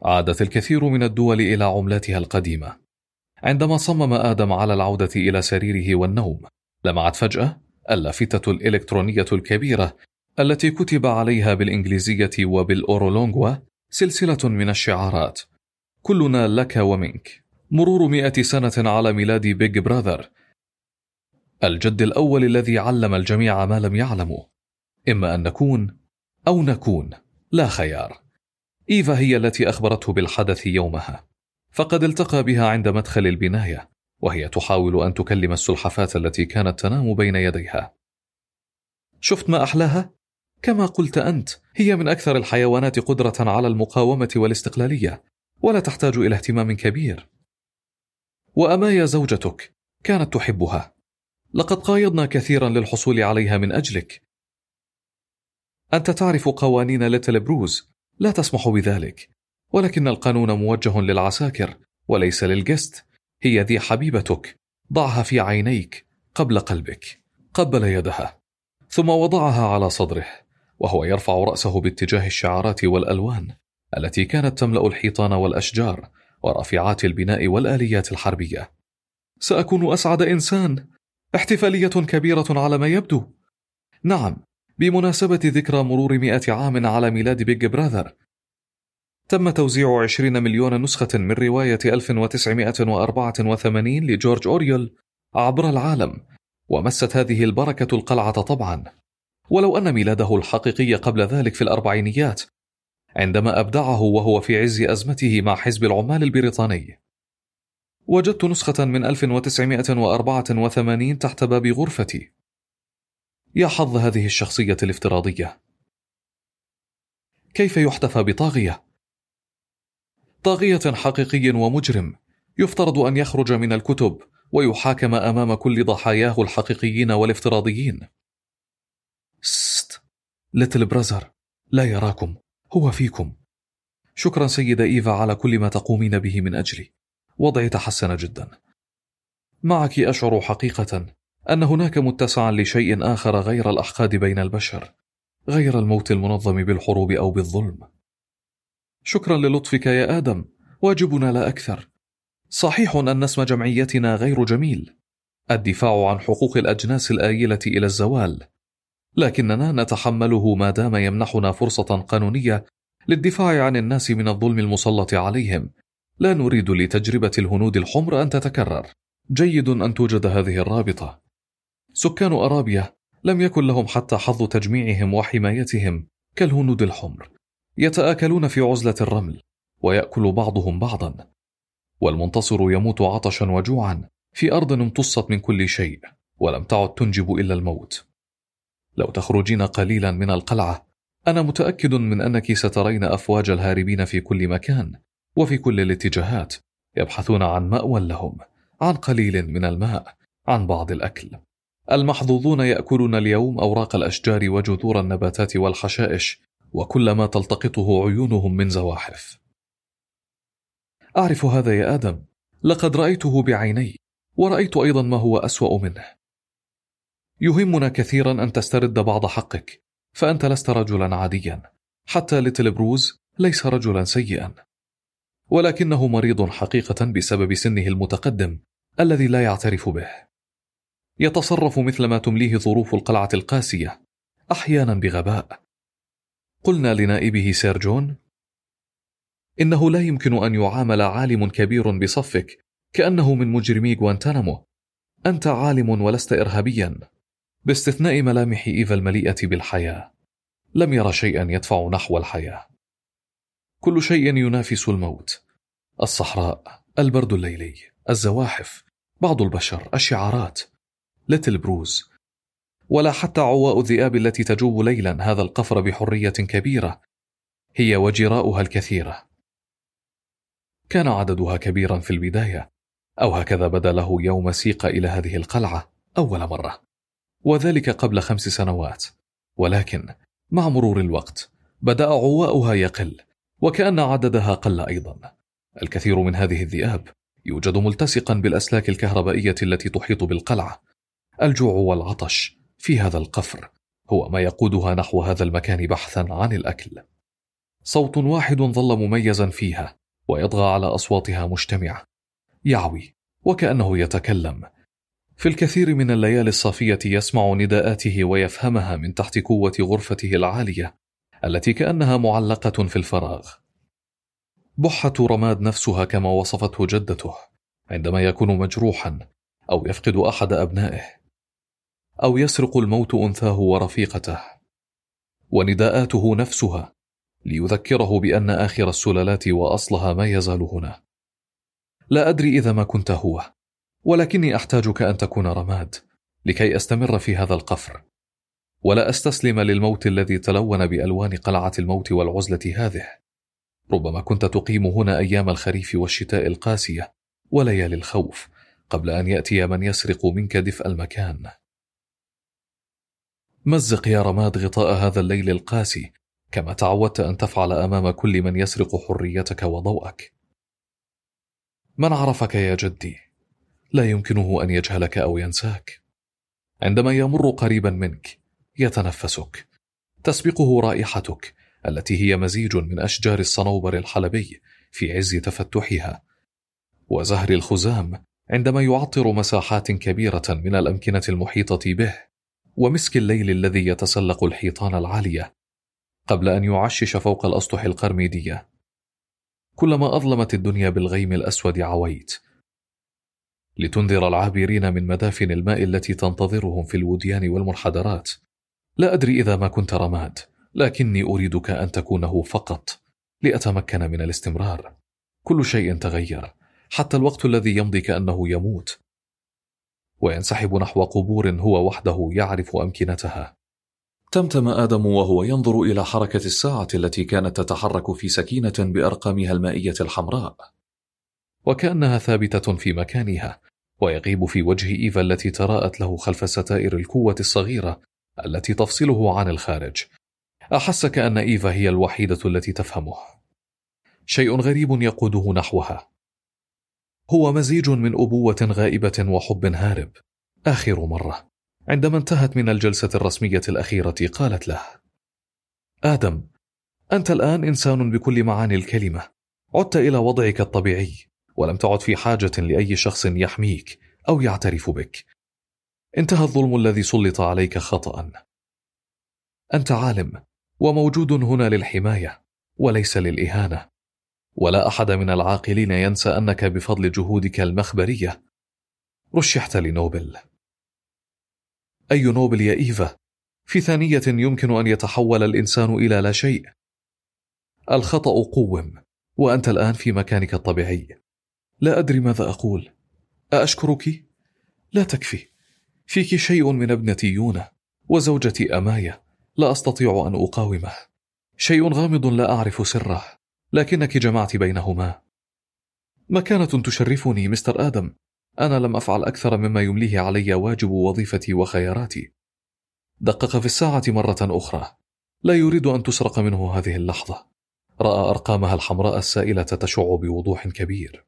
عادت الكثير من الدول إلى عملاتها القديمة. عندما صمم آدم على العودة إلى سريره والنوم، لمعت فجأة اللافتة الإلكترونية الكبيرة التي كتب عليها بالإنجليزية وبالأورولونغوا سلسلة من الشعارات: كلنا لك ومنك، مرور مئة سنة على ميلاد بيج براذر، الجد الأول الذي علم الجميع ما لم يعلموا، إما أن نكون أو نكون، لا خيار. إيفا هي التي أخبرته بالحدث يومها، فقد التقى بها عند مدخل البناية وهي تحاول أن تكلم السلحفاة التي كانت تنام بين يديها. شفت ما أحلاها؟ كما قلت أنت، هي من أكثر الحيوانات قدرة على المقاومة والاستقلالية، ولا تحتاج إلى اهتمام كبير. وأمايا زوجتك كانت تحبها، لقد قايضنا كثيرا للحصول عليها من أجلك. أنت تعرف قوانين ليتل بروز لا تسمح بذلك، ولكن القانون موجه للعساكر وليس للجست. هي ذي حبيبتك، ضعها في عينيك قبل قلبك. قبل يدها ثم وضعها على صدره وهو يرفع رأسه باتجاه الشعارات والألوان التي كانت تملأ الحيطان والأشجار ورافعات البناء والآليات الحربية. سأكون أسعد إنسان. احتفالية كبيرة على ما يبدو. نعم، بمناسبة ذكرى مرور مئة عام على ميلاد بيج براذر. تم توزيع عشرين مليون نسخة من رواية ألف وتسعمائة وأربعة وثمانين لجورج أوريول عبر العالم، ومست هذه البركة القلعة طبعا، ولو أن ميلاده الحقيقي قبل ذلك في الأربعينيات عندما أبدعه وهو في عز أزمته مع حزب العمال البريطاني. وجدت نسخة من ألف وتسعمائة وأربعة وثمانين تحت باب غرفتي. يا حظ هذه الشخصية الافتراضية. كيف يحتفى بطاغية؟ طاغية حقيقي ومجرم يفترض أن يخرج من الكتب ويحاكم أمام كل ضحاياه الحقيقيين والافتراضيين. ست ليتل برازر لا يراكم، هو فيكم. شكرا سيدة إيفا على كل ما تقومين به من أجلي. وضعي تحسن جدا. معك أشعر حقيقة أن هناك متسعا لشيء آخر غير الأحقاد بين البشر، غير الموت المنظم بالحروب أو بالظلم. شكرا للطفك يا آدم، واجبنا لا أكثر. صحيح أن اسم جمعيتنا غير جميل، الدفاع عن حقوق الأجناس الآيلة إلى الزوال، لكننا نتحمله ما دام يمنحنا فرصة قانونية للدفاع عن الناس من الظلم المسلط عليهم. لا نريد لتجربة الهنود الحمر أن تتكرر. جيد أن توجد هذه الرابطة. سكان أرابيا لم يكن لهم حتى حظ تجميعهم وحمايتهم كالهنود الحمر، يتآكلون في عزلة الرمل ويأكل بعضهم بعضا، والمنتصر يموت عطشا وجوعا في أرض امتصت من كل شيء ولم تعد تنجب إلا الموت. لو تخرجين قليلا من القلعة أنا متأكد من أنك سترين أفواج الهاربين في كل مكان وفي كل الاتجاهات، يبحثون عن مأوى لهم، عن قليل من الماء، عن بعض الأكل. المحظوظون يأكلون اليوم أوراق الأشجار وجذور النباتات والحشائش وكل ما تلتقطه عيونهم من زواحف. أعرف هذا يا آدم، لقد رأيته بعيني، ورأيت أيضا ما هو أسوأ منه. يهمنا كثيرا أن تسترد بعض حقك، فأنت لست رجلا عاديا، حتى ليتل بروز ليس رجلا سيئا، ولكنه مريض حقيقة بسبب سنه المتقدم الذي لا يعترف به. يتصرف مثل ما تمليه ظروف القلعة القاسية، أحيانا بغباء. قلنا لنائبه سير جون: إنه لا يمكن أن يعامل عالم كبير بصفك كأنه من مجرمي غوانتانامو. أنت عالم ولست إرهابيا. باستثناء ملامح إيفا المليئة بالحياة، لم يرى شيئا يدفع نحو الحياة. كل شيء ينافس الموت: الصحراء، البرد الليلي، الزواحف، بعض البشر، الشعارات. ليتل بروز، ولا حتى عواء الذئاب التي تجوب ليلا هذا القفر بحرية كبيرة، هي وجراؤها الكثيرة. كان عددها كبيرا في البداية، أو هكذا بدا له يوم سيق إلى هذه القلعة أول مرة، وذلك قبل خمس سنوات. ولكن مع مرور الوقت بدأ عواؤها يقل، وكأن عددها قل أيضا. الكثير من هذه الذئاب يوجد ملتصقا بالأسلاك الكهربائية التي تحيط بالقلعة. الجوع والعطش في هذا القفر هو ما يقودها نحو هذا المكان بحثا عن الأكل. صوت واحد ظل مميزا فيها ويطغى على أصواتها مجتمعة، يعوي وكأنه يتكلم. في الكثير من الليالي الصافية يسمع نداءاته ويفهمها من تحت قوة غرفته العالية التي كأنها معلقة في الفراغ. بحة رماد نفسها كما وصفته جدته عندما يكون مجروحا أو يفقد أحد أبنائه أو يسرق الموت أنثاه ورفيقته، ونداءاته نفسها ليذكره بأن آخر السلالات وأصلها ما يزال هنا. لا أدري إذا ما كنت هو، ولكني أحتاجك أن تكون رماد لكي أستمر في هذا القفر، ولا أستسلم للموت الذي تلون بألوان قلعة الموت والعزلة هذه. ربما كنت تقيم هنا أيام الخريف والشتاء القاسية وليالي الخوف قبل أن يأتي من يسرق منك دفء المكان. مزق يا رماد غطاء هذا الليل القاسي كما تعودت أن تفعل أمام كل من يسرق حريتك وضوءك. من عرفك يا جدي لا يمكنه أن يجهلك أو ينساك. عندما يمر قريبا منك يتنفسك، تسبقه رائحتك التي هي مزيج من أشجار الصنوبر الحلبي في عز تفتحها، وزهر الخزام عندما يعطر مساحات كبيرة من الأمكنة المحيطة به، ومسك الليل الذي يتسلق الحيطان العالية قبل أن يعشش فوق الأسطح القرميدية. كلما أظلمت الدنيا بالغيم الأسود عويت لتنذر العابرين من مدافن الماء التي تنتظرهم في الوديان والمنحدرات. لا أدري إذا ما كنت رماد، لكني أريدك أن تكونه فقط لأتمكن من الاستمرار. كل شيء تغير، حتى الوقت الذي يمضي كأنه يموت وينسحب نحو قبور هو وحده يعرف أمكنتها. تمتم آدم وهو ينظر إلى حركة الساعة التي كانت تتحرك في سكينة بأرقامها المائية الحمراء، وكأنها ثابتة في مكانها، ويغيب في وجه إيفا التي تراءت له خلف ستائر القوة الصغيرة التي تفصله عن الخارج. أحس كأن إيفا هي الوحيدة التي تفهمه. شيء غريب يقوده نحوها، هو مزيج من أبوة غائبة وحب هارب. آخر مرة عندما انتهت من الجلسة الرسمية الأخيرة قالت له: آدم، أنت الآن إنسان بكل معاني الكلمة، عدت إلى وضعك الطبيعي، ولم تعد في حاجة لأي شخص يحميك أو يعترف بك. انتهى الظلم الذي سلط عليك خطأ. أنت عالم وموجود هنا للحماية وليس للإهانة، ولا أحد من العاقلين ينسى أنك بفضل جهودك المخبرية رشحت لنوبل. أي نوبل يا إيفا؟ في ثانية يمكن أن يتحول الإنسان إلى لا شيء. الخطأ قوم، وأنت الآن في مكانك الطبيعي. لا أدري ماذا أقول. أأشكرك؟ لا تكفي. فيك شيء من ابنتي يونا وزوجتي أمايا لا أستطيع أن أقاومه. شيء غامض لا أعرف سره، لكنك جمعت بينهما. مكانة تشرفني مستر آدم. أنا لم أفعل أكثر مما يمليه علي واجب وظيفتي وخياراتي. دقق في الساعة مرة أخرى. لا يريد أن تسرق منه هذه اللحظة. رأى أرقامها الحمراء السائلة تشع بوضوح كبير.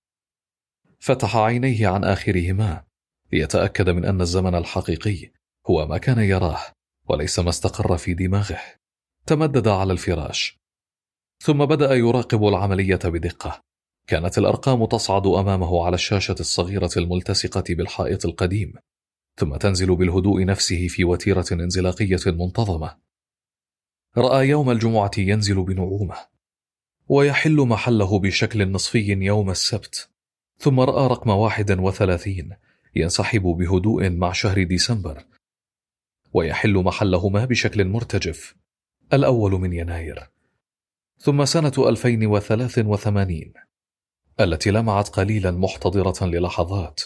فتح عينيه عن آخرهما ليتأكد من أن الزمن الحقيقي هو ما كان يراه وليس ما استقر في دماغه. تمدد على الفراش ثم بدأ يراقب العملية بدقة. كانت الأرقام تصعد أمامه على الشاشة الصغيرة الملتصقة بالحائط القديم، ثم تنزل بالهدوء نفسه في وتيرة انزلاقية منتظمة. رأى يوم الجمعة ينزل بنعومة ويحل محله بشكل نصفي يوم السبت، ثم رأى رقم واحد وثلاثين ينسحب بهدوء مع شهر ديسمبر ويحل محلهما بشكل مرتجف الأول من يناير، ثم سنة ألفين وثلاث وثمانين التي لمعت قليلا محتضرة للحظات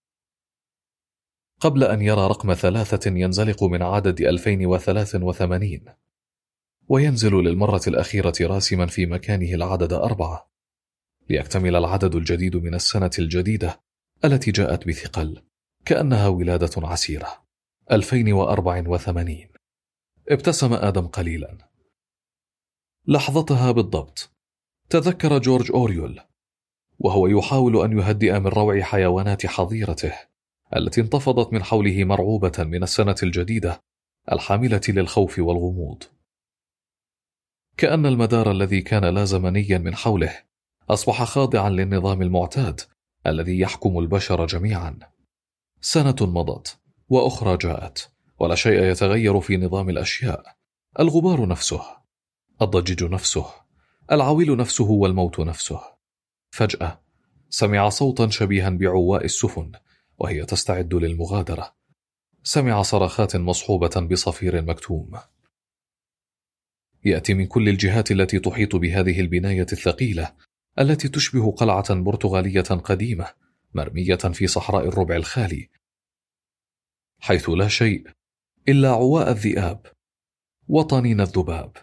قبل أن يرى رقم ثلاثة ينزلق من عدد ألفين وثلاث وثمانين وينزل للمرة الأخيرة راسما في مكانه العدد أربعة ليكتمل العدد الجديد من السنة الجديدة التي جاءت بثقل كأنها ولادة عسيرة. ألفين وأربعة وثمانين. ابتسم آدم قليلا. لحظتها بالضبط تذكر جورج أوريول وهو يحاول أن يهدئ من روع حيوانات حظيرته التي انتفضت من حوله مرعوبة من السنة الجديدة الحاملة للخوف والغموض. كأن المدار الذي كان لا زمنيا من حوله أصبح خاضعا للنظام المعتاد الذي يحكم البشر جميعا. سنة مضت وأخرى جاءت، ولا شيء يتغير في نظام الأشياء. الغبار نفسه، الضجيج نفسه، العويل نفسه، والموت نفسه. فجأة سمع صوتا شبيها بعواء السفن وهي تستعد للمغادرة. سمع صرخات مصحوبة بصفير مكتوم يأتي من كل الجهات التي تحيط بهذه البناية الثقيلة التي تشبه قلعة برتغالية قديمة مرمية في صحراء الربع الخالي، حيث لا شيء إلا عواء الذئاب وطنين الذباب.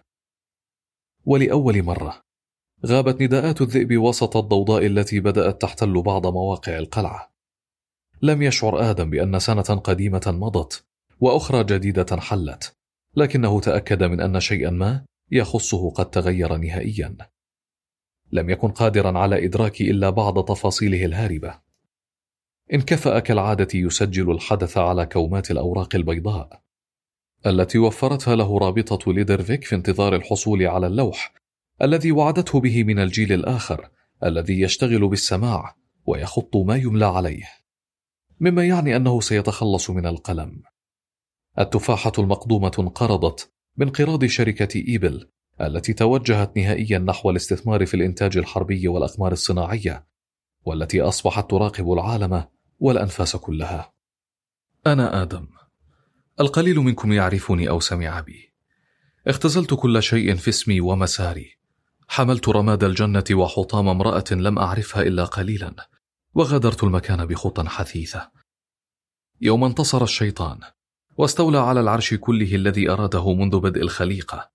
ولأول مرة غابت نداءات الذئب وسط الضوضاء التي بدأت تحتل بعض مواقع القلعة. لم يشعر آدم بأن سنة قديمة مضت وأخرى جديدة حلت، لكنه تأكد من أن شيئا ما يخصه قد تغير نهائيا. لم يكن قادرا على إدراك إلا بعض تفاصيله الهاربة. انكفأ كالعادة يسجل الحدث على كومات الأوراق البيضاء التي وفرتها له رابطة ليدرفيك في انتظار الحصول على اللوح الذي وعدته به من الجيل الآخر الذي يشتغل بالسماع ويخط ما يملى عليه، مما يعني أنه سيتخلص من القلم. التفاحة المقدومة انقرضت بانقراض شركة إيبل التي توجهت نهائيا نحو الاستثمار في الإنتاج الحربي والأقمار الصناعية، والتي أصبحت تراقب العالم والأنفاس كلها. أنا آدم، القليل منكم يعرفني أو سمع بي. اختزلت كل شيء في اسمي ومساري، حملت رماد الجنة وحطام امرأة لم أعرفها إلا قليلا، وغادرت المكان بخطى حثيثة. يوم انتصر الشيطان واستولى على العرش كله الذي أراده منذ بدء الخليقة،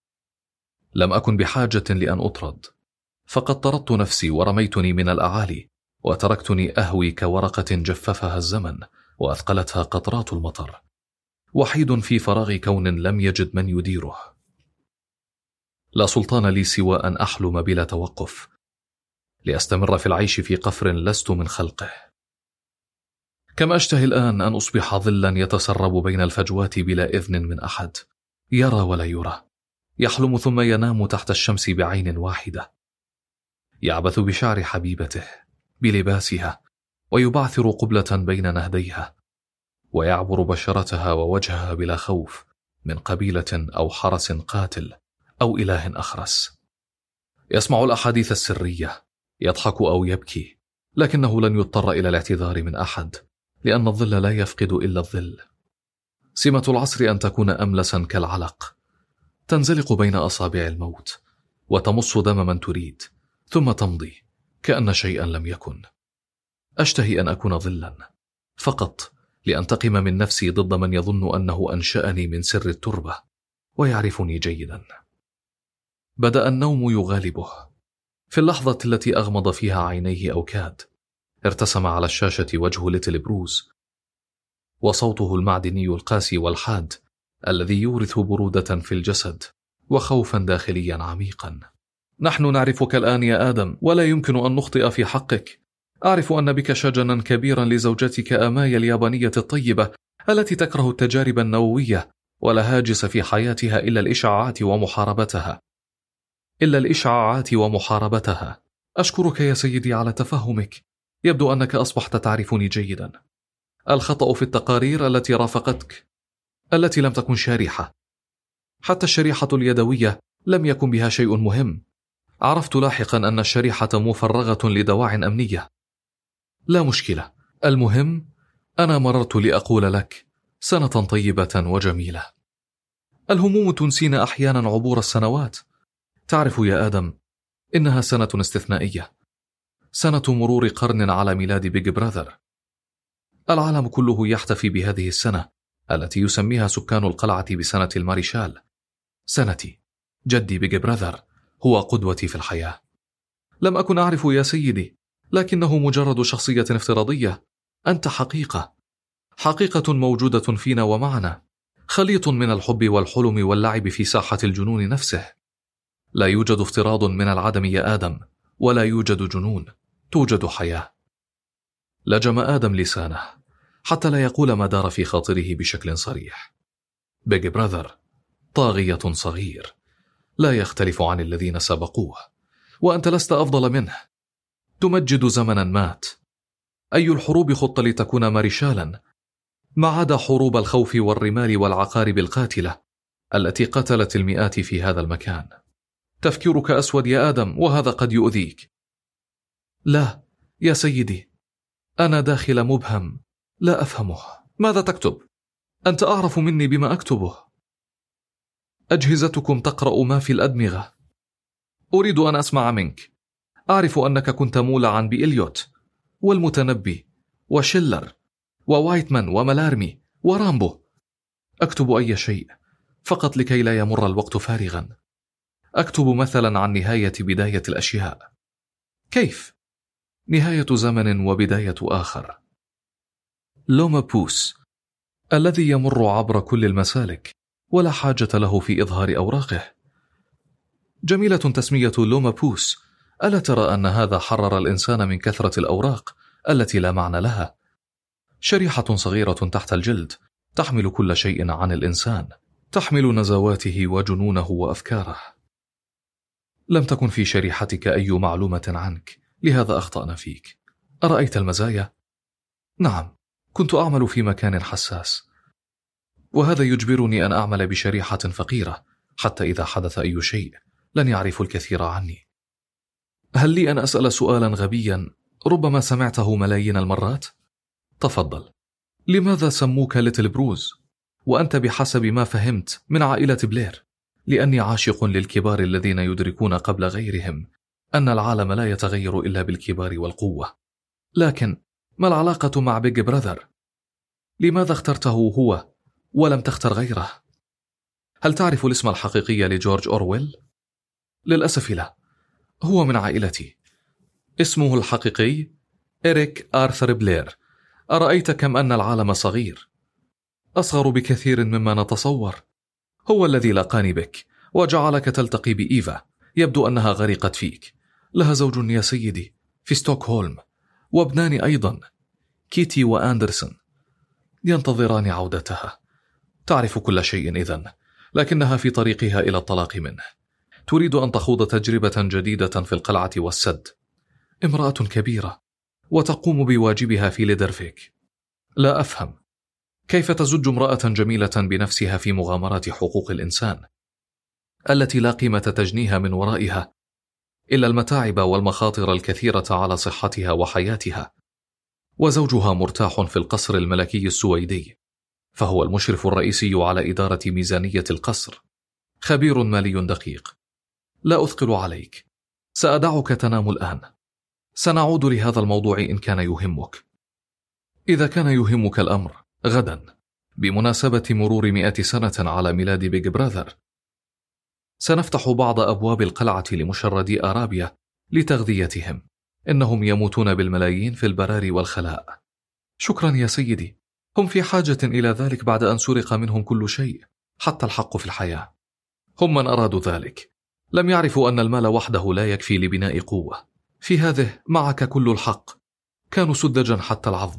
لم أكن بحاجة لأن أطرد، فقد طردت نفسي ورميتني من الأعالي، وتركتني أهوي كورقة جففها الزمن وأثقلتها قطرات المطر، وحيد في فراغ كون لم يجد من يديره. لا سلطان لي سوى أن أحلم بلا توقف، لأستمر في العيش في قفر لست من خلقه. كما أشتهي الآن أن أصبح ظلا يتسرب بين الفجوات بلا إذن من أحد، يرى ولا يرى، يحلم ثم ينام تحت الشمس بعين واحدة، يعبث بشعر حبيبته بلباسها ويبعثر قبلة بين نهديها، ويعبر بشرتها ووجهها بلا خوف من قبيلة أو حرس قاتل أو إله أخرس. يسمع الأحاديث السرية، يضحك أو يبكي، لكنه لن يضطر إلى الاعتذار من أحد، لأن الظل لا يفقد إلا الظل. سمة العصر أن تكون أملسا كالعلق، تنزلق بين أصابع الموت وتمص دم من تريد، ثم تمضي كأن شيئا لم يكن. أشتهي أن أكون ظلا فقط لأنتقم من نفسي ضد من يظن أنه أنشأني من سر التربة ويعرفني جيدا. بدأ النوم يغالبه. في اللحظة التي أغمض فيها عينيه أو كاد، ارتسم على الشاشة وجه ليتل بروز وصوته المعدني القاسي والحاد الذي يورث برودة في الجسد وخوفا داخليا عميقا. نحن نعرفك الآن يا آدم، ولا يمكن أن نخطئ في حقك. أعرف أن بك شجنا كبيرا لزوجتك آمايا اليابانية الطيبة التي تكره التجارب النووية ولا هاجس في حياتها إلا الإشعاعات ومحاربتها إلا الإشعاعات ومحاربتها. أشكرك يا سيدي على تفهمك. يبدو أنك أصبحت تعرفني جيدا. الخطأ في التقارير التي رافقتك، التي لم تكن شارحة. حتى الشريحة اليدوية لم يكن بها شيء مهم. عرفت لاحقا أن الشريحة مفرغة لدواع أمنية. لا مشكلة، المهم أنا مررت لأقول لك سنة طيبة وجميلة. الهموم تنسينا أحيانا عبور السنوات. تعرف يا آدم، إنها سنة استثنائية، سنة مرور قرن على ميلاد بيج براذر. العالم كله يحتفي بهذه السنة التي يسميها سكان القلعة بسنة الماريشال. سنتي، جدي بيج براذر هو قدوتي في الحياة. لم أكن أعرف يا سيدي، لكنه مجرد شخصية افتراضية. أنت حقيقة، حقيقة موجودة فينا ومعنا، خليط من الحب والحلم واللعب في ساحة الجنون نفسه. لا يوجد افتراض من العدم يا آدم، ولا يوجد جنون، توجد حياة. لجم آدم لسانه حتى لا يقول ما دار في خاطره بشكل صريح. بيج براذر طاغية صغير، لا يختلف عن الذين سبقوه، وأنت لست أفضل منه. تمجد زمنا مات. أي الحروب خط لتكون مارشالا، ما عدا حروب الخوف والرمال والعقارب القاتلة التي قتلت المئات في هذا المكان. تفكيرك أسود يا آدم، وهذا قد يؤذيك. لا يا سيدي، أنا داخل مبهم لا أفهمه. ماذا تكتب؟ أنت أعرف مني بما أكتبه. أجهزتكم تقرأ ما في الأدمغة. أريد أن أسمع منك. أعرف أنك كنت مولعا بإليوت والمتنبي وشيلر ووايتمان وملارمي ورامبو. أكتب أي شيء فقط لكي لا يمر الوقت فارغا. أكتب مثلا عن نهاية بداية الأشياء. كيف؟ نهاية زمن وبداية آخر. لوما بوس الذي يمر عبر كل المسالك ولا حاجة له في إظهار أوراقه. جميلة تسمية لوما بوس. ألا ترى أن هذا حرر الإنسان من كثرة الأوراق التي لا معنى لها؟ شريحة صغيرة تحت الجلد تحمل كل شيء عن الإنسان، تحمل نزواته وجنونه وأفكاره. لم تكن في شريحتك أي معلومة عنك، لهذا أخطأنا فيك. أرأيت المزايا؟ نعم، كنت أعمل في مكان حساس، وهذا يجبرني أن أعمل بشريحة فقيرة، حتى إذا حدث أي شيء لن يعرفوا الكثير عني. هل لي أن أسأل سؤالا غبيا ربما سمعته ملايين المرات؟ تفضل. لماذا سموك ليتل بروز وأنت بحسب ما فهمت من عائلة بلير؟ لأني عاشق للكبار الذين يدركون قبل غيرهم أن العالم لا يتغير إلا بالكبار والقوة. لكن ما العلاقة مع بيج براذر؟ لماذا اخترته هو ولم تختر غيره؟ هل تعرف الاسم الحقيقي لجورج أورويل؟ للأسف لا، هو من عائلتي. اسمه الحقيقي إريك آرثر بلير. أرأيت كم أن العالم صغير؟ أصغر بكثير مما نتصور. هو الذي لقاني بك وجعلك تلتقي بإيفا، يبدو أنها غرقت فيك. لها زوج يا سيدي في ستوكهولم، وابنان أيضا، كيتي وأندرسون، ينتظران عودتها. تعرف كل شيء إذن، لكنها في طريقها إلى الطلاق منه. تريد أن تخوض تجربة جديدة في القلعة والسد. امرأة كبيرة وتقوم بواجبها في ليدرفيك. لا أفهم كيف تزج امرأة جميلة بنفسها في مغامرات حقوق الإنسان التي لا قيمة تجنيها من ورائها إلا المتاعب والمخاطر الكثيرة على صحتها وحياتها. وزوجها مرتاح في القصر الملكي السويدي، فهو المشرف الرئيسي على إدارة ميزانية القصر، خبير مالي دقيق. لا أثقل عليك، سأدعك تنام الآن. سنعود لهذا الموضوع إن كان يهمك. إذا كان يهمك الأمر، غدا بمناسبة مرور مئة سنة على ميلاد بيج براذر سنفتح بعض أبواب القلعة لمشردي أرابيا لتغذيتهم. إنهم يموتون بالملايين في البراري والخلاء. شكرا يا سيدي، هم في حاجة إلى ذلك بعد أن سرق منهم كل شيء، حتى الحق في الحياة. هم من أرادوا ذلك لم يعرفوا أن المال وحده لا يكفي لبناء قوة. في هذه معك كل الحق، كانوا سذجا حتى العظم.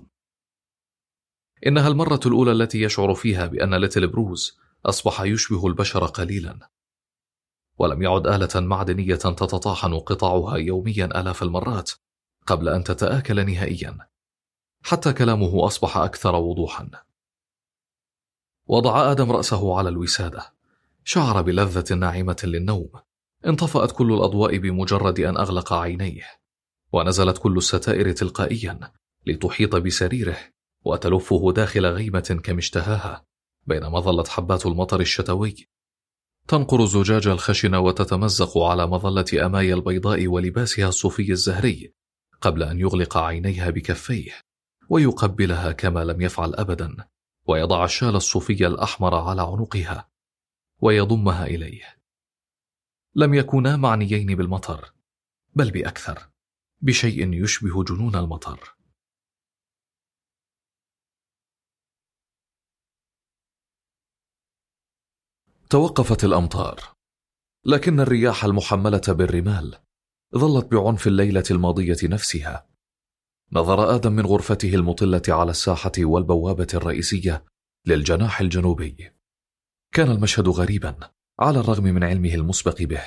إنها المرة الأولى التي يشعر فيها بأن ليتل بروز أصبح يشبه البشر قليلا، ولم يعد آلة معدنية تتطاحن قطعها يوميا آلاف المرات قبل أن تتآكل نهائيا. حتى كلامه أصبح أكثر وضوحا. وضع آدم رأسه على الوسادة، شعر بلذة ناعمة للنوم. انطفأت كل الأضواء بمجرد أن أغلق عينيه، ونزلت كل الستائر تلقائيا لتحيط بسريره وتلفه داخل غيمة كمشتهاها، بينما ظلت حبات المطر الشتوي تنقر الزجاج الخشن وتتمزق على مظلة أمايا البيضاء ولباسها الصوفي الزهري، قبل أن يغلق عينيها بكفيه ويقبلها كما لم يفعل أبدا، ويضع الشال الصوفي الأحمر على عنقها ويضمها إليه. لم يكونا معنيين بالمطر، بل بأكثر، بشيء يشبه جنون المطر. توقفت الأمطار، لكن الرياح المحملة بالرمال ظلت بعنف الليلة الماضية نفسها. نظر آدم من غرفته المطلة على الساحة والبوابة الرئيسية للجناح الجنوبي. كان المشهد غريبا، على الرغم من علمه المسبق به.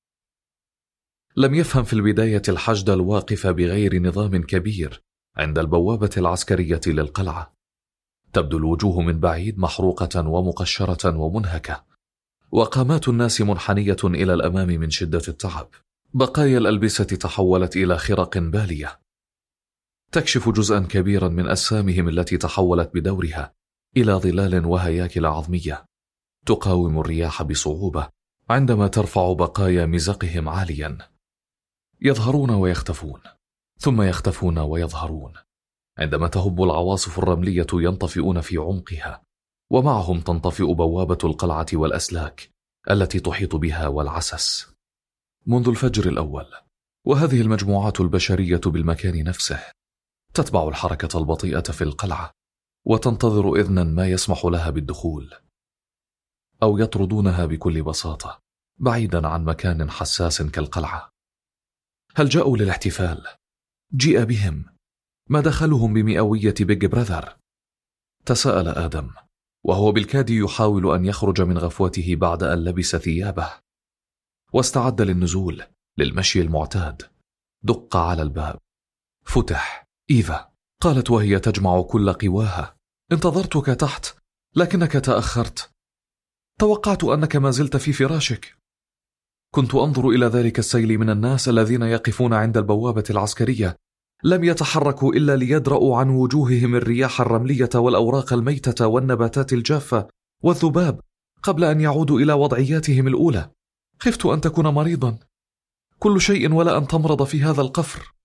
لم يفهم في البداية الحشد الواقف بغير نظام كبير عند البوابة العسكرية للقلعة. تبدو الوجوه من بعيد محروقة ومقشرة ومنهكة، وقامات الناس منحنية إلى الأمام من شدة التعب. بقايا الألبسة تحولت إلى خرق بالية تكشف جزءا كبيرا من أجسامهم التي تحولت بدورها إلى ظلال وهياكل عظمية تقاوم الرياح بصعوبة عندما ترفع بقايا مزقهم عاليا. يظهرون ويختفون، ثم يختفون ويظهرون. عندما تهب العواصف الرملية ينطفئون في عمقها، ومعهم تنطفئ بوابة القلعة والأسلاك التي تحيط بها والعسس. منذ الفجر الأول، وهذه المجموعات البشرية بالمكان نفسه تتبع الحركة البطيئة في القلعة وتنتظر إذنا ما يسمح لها بالدخول، أو يطردونها بكل بساطة بعيدا عن مكان حساس كالقلعة. هل جاءوا للاحتفال؟ جيء بهم؟ ما دخلهم بمئوية بيج براذر؟ تساءل آدم وهو بالكاد يحاول أن يخرج من غفوته بعد أن لبس ثيابه واستعد للنزول للمشي المعتاد. دق على الباب، فتح. إيفا قالت وهي تجمع كل قواها: انتظرتك تحت لكنك تأخرت. توقعت أنك ما زلت في فراشك. كنت أنظر إلى ذلك السيل من الناس الذين يقفون عند البوابة العسكرية، لم يتحركوا إلا ليدرأوا عن وجوههم الرياح الرملية والأوراق الميتة والنباتات الجافة والذباب قبل أن يعودوا إلى وضعياتهم الأولى. خفت أن تكون مريضا. كل شيء ولا أن تمرض في هذا القفر.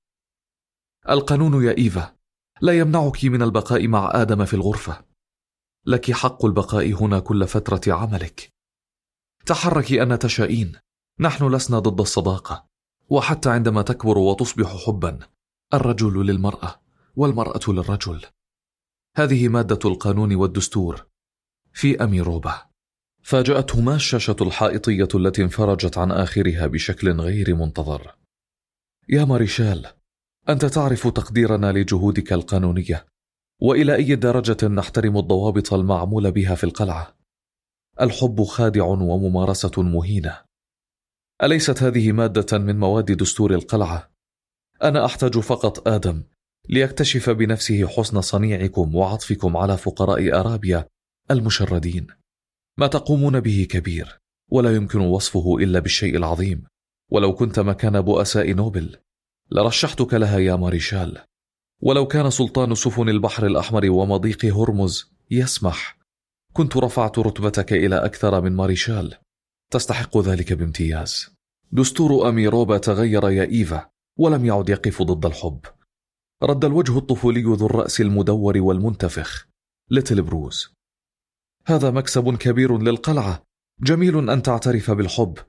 القانون يا إيفا لا يمنعك من البقاء مع آدم في الغرفة. لك حق البقاء هنا كل فترة عملك. تحركي أن تشائين، نحن لسنا ضد الصداقة، وحتى عندما تكبر وتصبح حبا، الرجل للمرأة والمرأة للرجل. هذه مادة القانون والدستور في أميروبا. فاجأتهما الشاشة الحائطية التي انفرجت عن آخرها بشكل غير منتظر. يا ماريشال، أنت تعرف تقديرنا لجهودك القانونية، وإلى أي درجة نحترم الضوابط المعمول بها في القلعة. الحب خادع وممارسة مهينة. أليست هذه مادة من مواد دستور القلعة؟ أنا أحتاج فقط آدم ليكتشف بنفسه حسن صنيعكم وعطفكم على فقراء أرابيا المشردين. ما تقومون به كبير، ولا يمكن وصفه إلا بالشيء العظيم. ولو كنت مكان بؤساء نوبل لرشحتك لها يا ماريشال. ولو كان سلطان سفن البحر الأحمر ومضيق هرمز يسمح، كنت رفعت رتبتك إلى أكثر من ماريشال. تستحق ذلك بامتياز. دستور أميروبا تغير يا إيفا، ولم يعد يقف ضد الحب. رد الوجه الطفولي ذو الرأس المدور والمنتفخ ليتل بروز. هذا مكسب كبير للقلعة. جميل أن تعترف بالحب،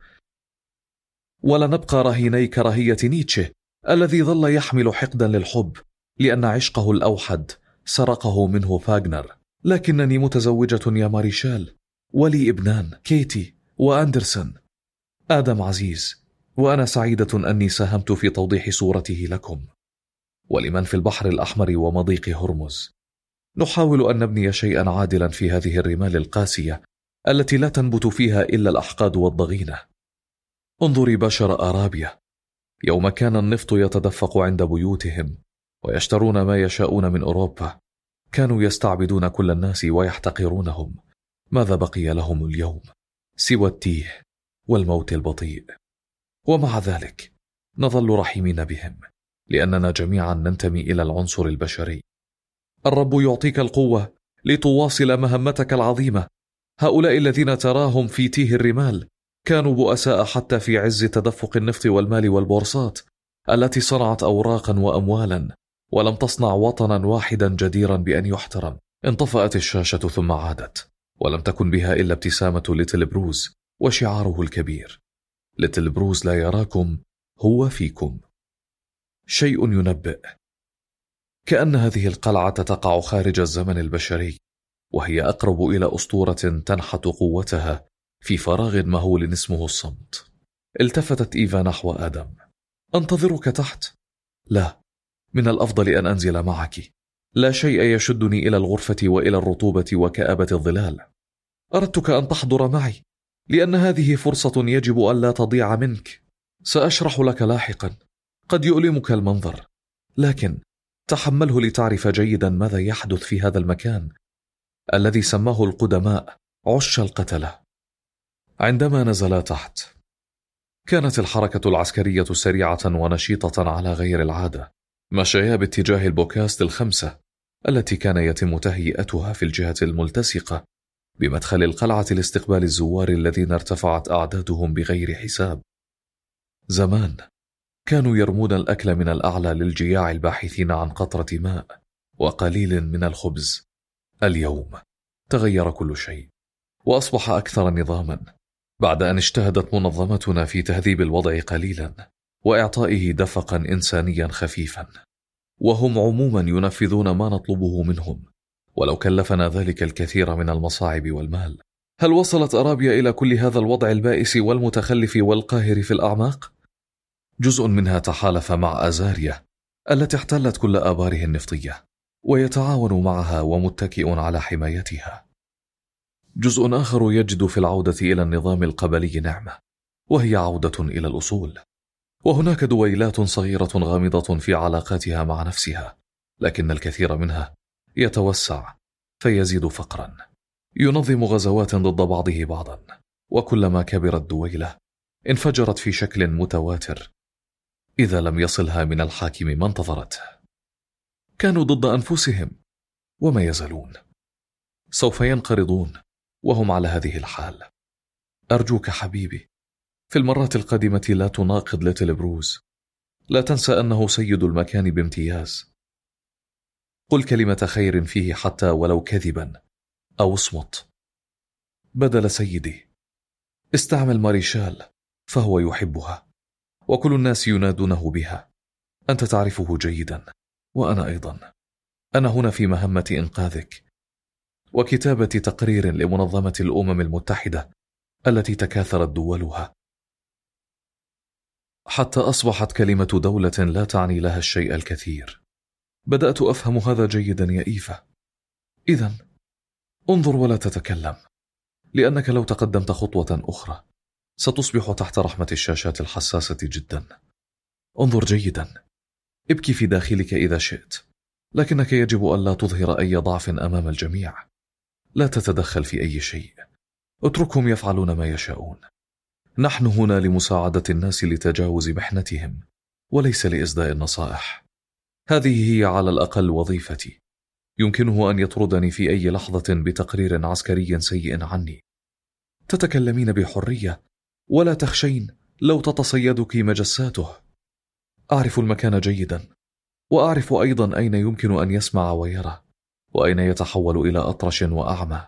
ولا نبقى رهيني كراهية نيتشه الذي ظل يحمل حقدا للحب لأن عشقه الأوحد سرقه منه فاغنر. لكنني متزوجة يا ماريشال، ولي ابنان، كيتي وأندرسون. آدم عزيز، وأنا سعيدة أني ساهمت في توضيح صورته لكم ولمن في البحر الأحمر ومضيق هرمز. نحاول أن نبني شيئا عادلا في هذه الرمال القاسية التي لا تنبت فيها إلا الأحقاد والضغينة. انظري بشر أرابيا، يوم كان النفط يتدفق عند بيوتهم ويشترون ما يشاءون من أوروبا، كانوا يستعبدون كل الناس ويحتقرونهم. ماذا بقي لهم اليوم سوى التيه والموت البطيء؟ ومع ذلك نظل رحيمين بهم، لأننا جميعا ننتمي إلى العنصر البشري. الرب يعطيك القوة لتواصل مهمتك العظيمة. هؤلاء الذين تراهم في تيه الرمال كانوا بؤساء حتى في عز تدفق النفط والمال والبورصات التي صنعت أوراقا وأموالا، ولم تصنع وطنا واحدا جديرا بأن يحترم. انطفأت الشاشة ثم عادت، ولم تكن بها إلا ابتسامة ليتل بروز وشعاره الكبير: ليتل بروز لا يراكم، هو فيكم. شيء ينبئ كأن هذه القلعة تقع خارج الزمن البشري، وهي أقرب إلى أسطورة تنحت قوتها في فراغ مهول اسمه الصمت. التفتت إيفا نحو آدم. أنتظرك تحت؟ لا، من الأفضل أن أنزل معك. لا شيء يشدني إلى الغرفة وإلى الرطوبة وكآبة الظلال. أردتك أن تحضر معي، لأن هذه فرصة يجب أن لا تضيع منك. سأشرح لك لاحقا، قد يؤلمك المنظر، لكن تحمله لتعرف جيدا ماذا يحدث في هذا المكان الذي سماه القدماء عش القتلة. عندما نزلا تحت، كانت الحركة العسكرية سريعة ونشيطة على غير العادة. مشيا باتجاه البوكاست الخمسة التي كان يتم تهيئتها في الجهة الملتصقة بمدخل القلعة لاستقبال الزوار الذين ارتفعت أعدادهم بغير حساب. زمان كانوا يرمون الأكل من الأعلى للجياع الباحثين عن قطرة ماء وقليل من الخبز. اليوم تغير كل شيء وأصبح أكثر نظاما بعد أن اجتهدت منظمتنا في تهذيب الوضع قليلا وإعطائه دفقا إنسانيا خفيفا، وهم عموما ينفذون ما نطلبه منهم ولو كلفنا ذلك الكثير من المصاعب والمال. هل وصلت أرابيا إلى كل هذا الوضع البائس والمتخلف والقاهر في الأعماق؟ جزء منها تحالف مع أزاريا التي احتلت كل آباره النفطية ويتعاون معها ومتكئ على حمايتها. جزء آخر يجد في العودة إلى النظام القبلي نعمة، وهي عودة إلى الأصول. وهناك دويلات صغيرة غامضة في علاقاتها مع نفسها، لكن الكثير منها يتوسع فيزيد فقرا، ينظم غزوات ضد بعضه بعضا، وكلما كبرت دويلة انفجرت في شكل متواتر إذا لم يصلها من الحاكم ما انتظرته. كانوا ضد أنفسهم وما يزالون، سوف ينقرضون وهم على هذه الحال. أرجوك حبيبي، في المرات القادمة لا تناقض ليتل بروز، لا تنسى أنه سيد المكان بامتياز. قل كلمة خير فيه حتى ولو كذبا، أو اصمت. بدل سيدي استعمل ماريشال فهو يحبها وكل الناس ينادونه بها. أنت تعرفه جيدا وأنا أيضا. أنا هنا في مهمة إنقاذك وكتابة تقرير لمنظمة الأمم المتحدة التي تكاثرت دولها حتى أصبحت كلمة دولة لا تعني لها الشيء الكثير. بدأت أفهم هذا جيدا يا إيفا. إذن انظر ولا تتكلم، لأنك لو تقدمت خطوة أخرى ستصبح تحت رحمة الشاشات الحساسة جدا. انظر جيدا، ابكي في داخلك إذا شئت، لكنك يجب أن لا تظهر أي ضعف أمام الجميع. لا تتدخل في أي شيء، اتركهم يفعلون ما يشاءون. نحن هنا لمساعدة الناس لتجاوز محنتهم وليس لإسداء النصائح. هذه هي على الأقل وظيفتي. يمكنه أن يطردني في أي لحظة بتقرير عسكري سيء عني. تتكلمين بحرية ولا تخشين لو تتصيدك مجساته. أعرف المكان جيدا، وأعرف أيضا أين يمكن أن يسمع ويرى، وأين يتحول إلى أطرش وأعمى.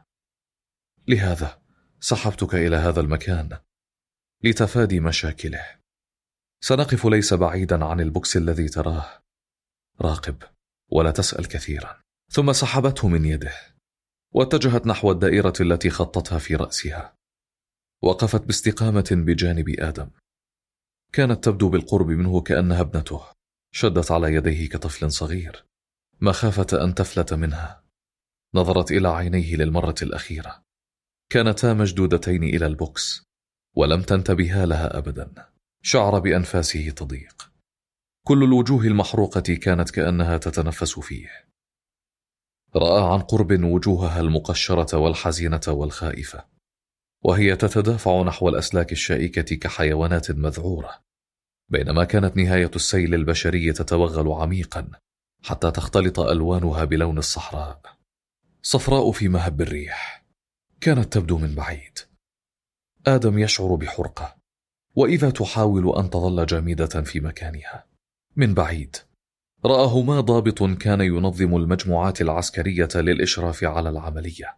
لهذا سحبتك إلى هذا المكان لتفادي مشاكله. سنقف ليس بعيدا عن البوكس الذي تراه. راقب ولا تسأل كثيرا. ثم سحبته من يده واتجهت نحو الدائرة التي خطتها في رأسها. وقفت باستقامة بجانب آدم. كانت تبدو بالقرب منه كأنها ابنته. شدت على يديه كطفل صغير مخافة أن تفلت منها. نظرت إلى عينيه للمرة الأخيرة، كانتا مشدودتين إلى البوكس ولم تنتبه لها أبدا. شعر بأنفاسه تضيق. كل الوجوه المحروقة كانت كأنها تتنفس فيه. رأى عن قرب وجوهها المقشرة والحزينة والخائفة، وهي تتدافع نحو الأسلاك الشائكة كحيوانات مذعورة، بينما كانت نهاية السيل البشري تتوغل عميقا حتى تختلط ألوانها بلون الصحراء، صفراء في مهب الريح. كانت تبدو من بعيد. آدم يشعر بحرقة، وإذا تحاول أن تظل جامدة في مكانها. من بعيد رآهما ضابط كان ينظم المجموعات العسكرية للإشراف على العملية.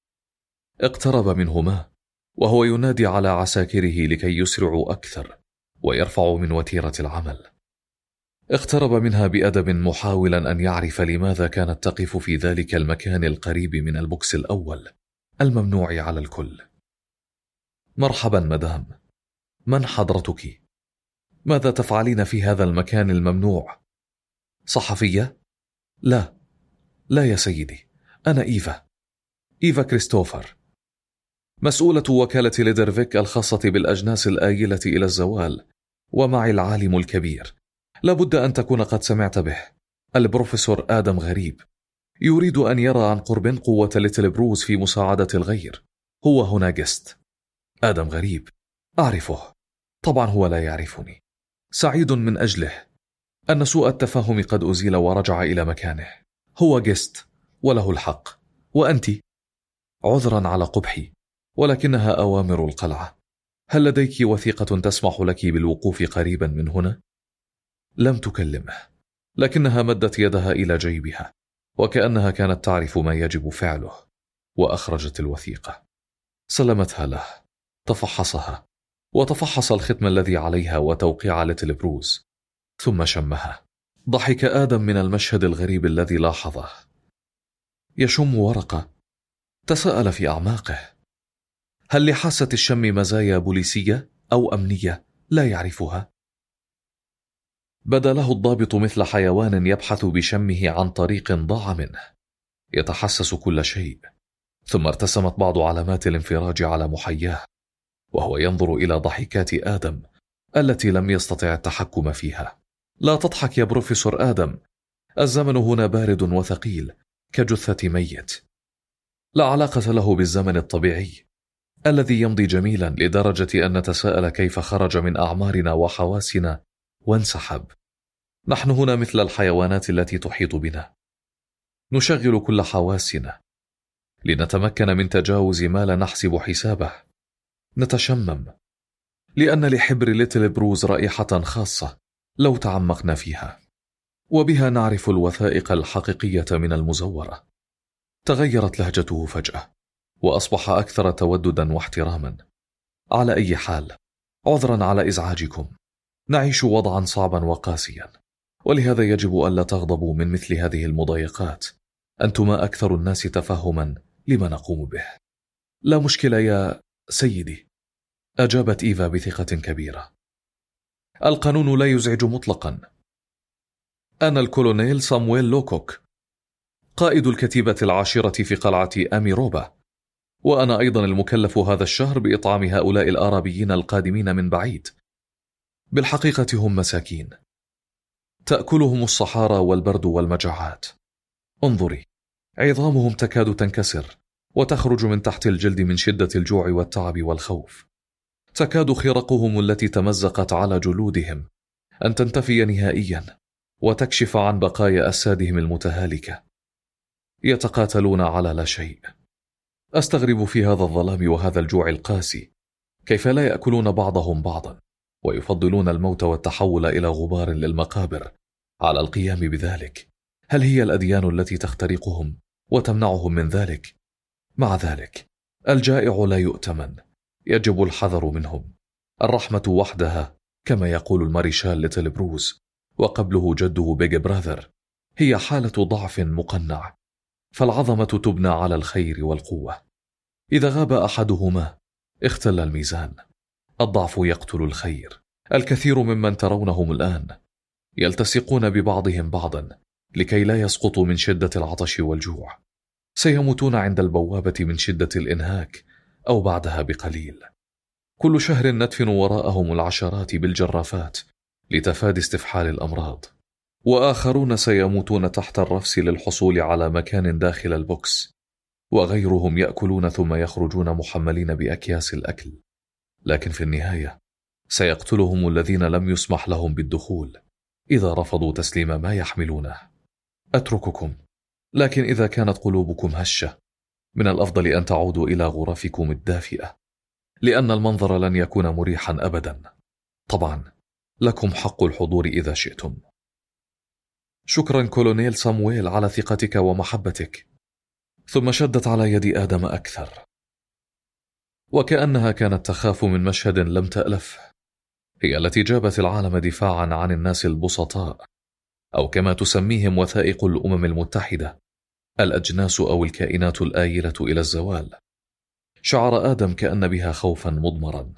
اقترب منهما وهو ينادي على عساكره لكي يسرعوا أكثر ويرفعوا من وتيرة العمل. اقترب منها بأدب محاولا أن يعرف لماذا كانت تقف في ذلك المكان القريب من البوكس الأول الممنوع على الكل. مرحبا مدام، من حضرتك؟ ماذا تفعلين في هذا المكان الممنوع؟ صحفية؟ لا لا يا سيدي، أنا إيفا إيفا كريستوفر. مسؤولة وكالة ليدرفيك الخاصة بالأجناس الآيلة إلى الزوال، ومعي العالم الكبير، لابد أن تكون قد سمعت به، البروفيسور آدم غريب. يريد أن يرى عن قرب قوة ليتل بروز في مساعدة الغير. هو هنا جست. آدم غريب، أعرفه. طبعا هو لا يعرفني. سعيد من أجله أن سوء التفاهم قد أزيل ورجع إلى مكانه. هو جست وله الحق، وأنت عذرا على قبحي، ولكنها أوامر القلعة. هل لديك وثيقة تسمح لك بالوقوف قريبا من هنا؟ لم تكلمه، لكنها مدت يدها إلى جيبها وكأنها كانت تعرف ما يجب فعله، وأخرجت الوثيقة. سلمتها له، تفحصها وتفحص الختم الذي عليها وتوقيع ليتل بروز، ثم شمها. ضحك آدم من المشهد الغريب الذي لاحظه. يشم ورقة. تساءل في أعماقه، هل لحاسة الشم مزايا بوليسية أو أمنية لا يعرفها؟ بدا له الضابط مثل حيوان يبحث بشمه عن طريق ضاع منه، يتحسس كل شيء. ثم ارتسمت بعض علامات الانفراج على محياه، وهو ينظر إلى ضحكات آدم التي لم يستطع التحكم فيها. لا تضحك يا بروفيسور آدم، الزمن هنا بارد وثقيل كجثة ميت. لا علاقة له بالزمن الطبيعي الذي يمضي جميلا لدرجة أن نتساءل كيف خرج من أعمارنا وحواسنا وانسحب. نحن هنا مثل الحيوانات التي تحيط بنا، نشغل كل حواسنا لنتمكن من تجاوز ما لا نحسب حسابه. نتشمم لأن لحبر ليتل بروز رائحة خاصة لو تعمقنا فيها، وبها نعرف الوثائق الحقيقية من المزورة. تغيرت لهجته فجأة وأصبح أكثر توددا واحتراما. على أي حال، عذرا على إزعاجكم، نعيش وضعا صعبا وقاسيا، ولهذا يجب ألا تغضبوا من مثل هذه المضايقات. أنتما أكثر الناس تفهما لما نقوم به. لا مشكلة يا سيدي، أجابت إيفا بثقة كبيرة. القانون لا يزعج مطلقا. أنا الكولونيل سامويل لوكوك، قائد الكتيبة العاشرة في قلعة أميروبا، وأنا أيضا المكلف هذا الشهر بإطعام هؤلاء الآرابيين القادمين من بعيد. بالحقيقة هم مساكين، تأكلهم الصحارى والبرد والمجاعات. انظري، عظامهم تكاد تنكسر وتخرج من تحت الجلد من شدة الجوع والتعب والخوف. تكاد خرقهم التي تمزقت على جلودهم أن تنتفي نهائيا وتكشف عن بقايا أجسادهم المتهالكة. يتقاتلون على لا شيء. أستغرب في هذا الظلام وهذا الجوع القاسي كيف لا يأكلون بعضهم بعضا، ويفضلون الموت والتحول إلى غبار للمقابر على القيام بذلك. هل هي الأديان التي تخترقهم وتمنعهم من ذلك؟ مع ذلك الجائع لا يؤتمن، يجب الحذر منهم. الرحمة وحدها، كما يقول الماريشال ليتل بروز وقبله جده بيج براذر، هي حالة ضعف مقنع، فالعظمة تبنى على الخير والقوة. إذا غاب أحدهما اختل الميزان. الضعف يقتل الخير. الكثير ممن ترونهم الآن يلتصقون ببعضهم بعضا لكي لا يسقطوا من شدة العطش والجوع. سيموتون عند البوابة من شدة الإنهاك أو بعدها بقليل. كل شهر ندفن وراءهم العشرات بالجرافات لتفادي استفحال الأمراض، وآخرون سيموتون تحت الرفس للحصول على مكان داخل البوكس، وغيرهم يأكلون ثم يخرجون محملين بأكياس الأكل. لكن في النهاية سيقتلهم الذين لم يسمح لهم بالدخول إذا رفضوا تسليم ما يحملونه. أترككم، لكن إذا كانت قلوبكم هشة من الأفضل أن تعودوا إلى غرفكم الدافئة، لأن المنظر لن يكون مريحا أبدا. طبعا لكم حق الحضور إذا شئتم. شكرا كولونيل سامويل على ثقتك ومحبتك. ثم شدت على يد آدم أكثر، وكأنها كانت تخاف من مشهد لم تألف. هي التي جابت العالم دفاعا عن الناس البسطاء، أو كما تسميهم وثائق الأمم المتحدة، الأجناس أو الكائنات الآيلة إلى الزوال. شعر آدم كأن بها خوفا مضمرا.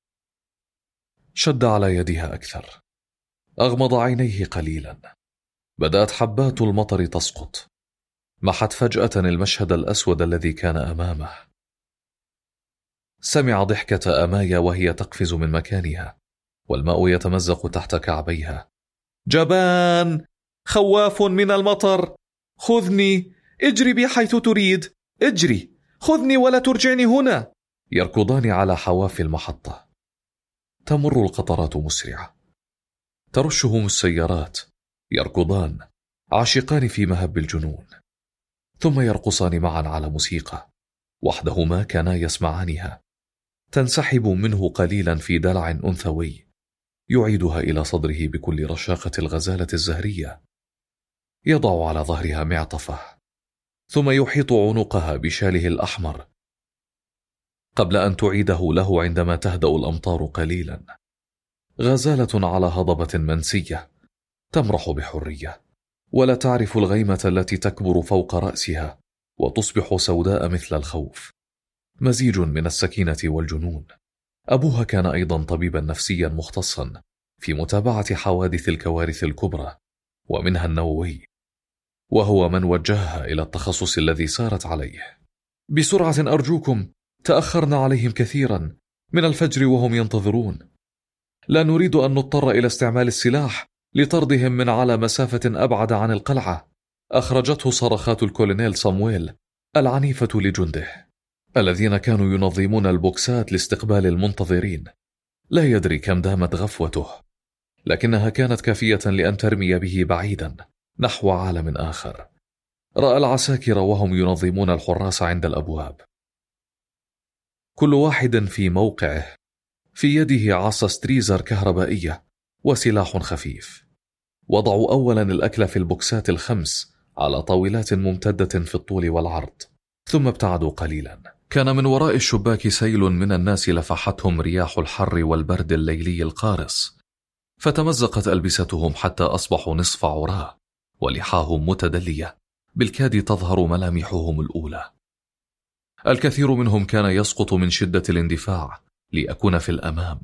شد على يدها أكثر، أغمض عينيه قليلا. بدأت حبات المطر تسقط، محت فجأة المشهد الأسود الذي كان أمامه. سمع ضحكة أمايا وهي تقفز من مكانها، والماء يتمزق تحت كعبيها. جبان، خواف من المطر، خذني، اجري بي حيث تريد، اجري، خذني ولا ترجعني هنا. يركضان على حواف المحطة. تمر القطرات مسرعة، ترشهم السيارات، يركضان عاشقان في مهب الجنون، ثم يرقصان معا على موسيقى وحدهما كانا يسمعانها، تنسحب منه قليلا في دلع أنثوي يعيدها إلى صدره بكل رشاقة الغزالة الزهرية. يضع على ظهرها معطفه، ثم يحيط عنقها بشاله الأحمر قبل أن تعيده له عندما تهدأ الأمطار قليلا. غزالة على هضبة منسية تمرح بحرية، ولا تعرف الغيمة التي تكبر فوق رأسها وتصبح سوداء مثل الخوف، مزيج من السكينة والجنون. أبوها كان أيضا طبيبا نفسيا مختصا في متابعة حوادث الكوارث الكبرى ومنها النووي، وهو من وجهها إلى التخصص الذي سارت عليه. بسرعة أرجوكم، تأخرنا عليهم كثيرا، من الفجر وهم ينتظرون. لا نريد أن نضطر إلى استعمال السلاح لطردهم من على مسافة أبعد عن القلعة. أخرجته صرخات الكولونيل صامويل العنيفة لجنده الذين كانوا ينظمون البوكسات لاستقبال المنتظرين. لا يدري كم دامت غفوته، لكنها كانت كافية لأن ترمي به بعيدا نحو عالم آخر. رأى العساكر وهم ينظمون الحراس عند الأبواب، كل واحد في موقعه، في يده عصا ستريزر كهربائية وسلاح خفيف. وضعوا أولا الأكل في البوكسات الخمس على طاولات ممتدة في الطول والعرض، ثم ابتعدوا قليلا. كان من وراء الشباك سيل من الناس لفحتهم رياح الحر والبرد الليلي القارس، فتمزقت ألبستهم حتى أصبحوا نصف عراه، ولحاهم متدلية بالكاد تظهر ملامحهم الأولى. الكثير منهم كان يسقط من شدة الاندفاع ليكون في الأمام،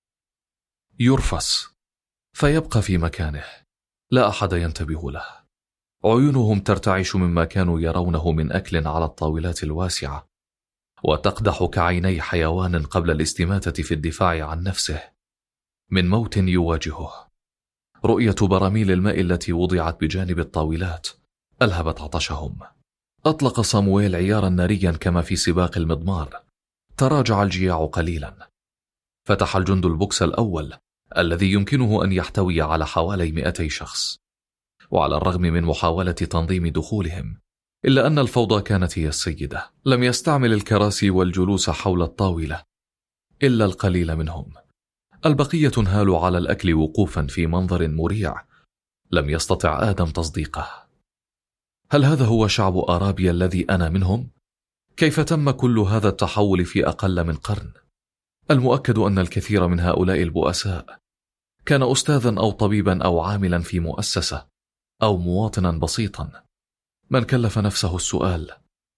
يرفس فيبقى في مكانه، لا أحد ينتبه له. عيونهم ترتعش مما كانوا يرونه من أكل على الطاولات الواسعة، وتقدح كعيني حيوان قبل الاستماتة في الدفاع عن نفسه من موت يواجهه. رؤية براميل الماء التي وضعت بجانب الطاولات ألهبت عطشهم. أطلق صامويل عيارا ناريا كما في سباق المضمار. تراجع الجياع قليلا. فتح الجند البوكس الأول الذي يمكنه أن يحتوي على حوالي مئتي شخص، وعلى الرغم من محاولة تنظيم دخولهم إلا أن الفوضى كانت هي السيدة. لم يستعمل الكراسي والجلوس حول الطاولة إلا القليل منهم. البقية انهالوا على الأكل وقوفا في منظر مريع لم يستطع آدم تصديقه. هل هذا هو شعب أرابيا الذي أنا منهم؟ كيف تم كل هذا التحول في أقل من قرن؟ المؤكد أن الكثير من هؤلاء البؤساء كان أستاذا أو طبيبا أو عاملا في مؤسسة أو مواطنا بسيطا. من كلف نفسه السؤال: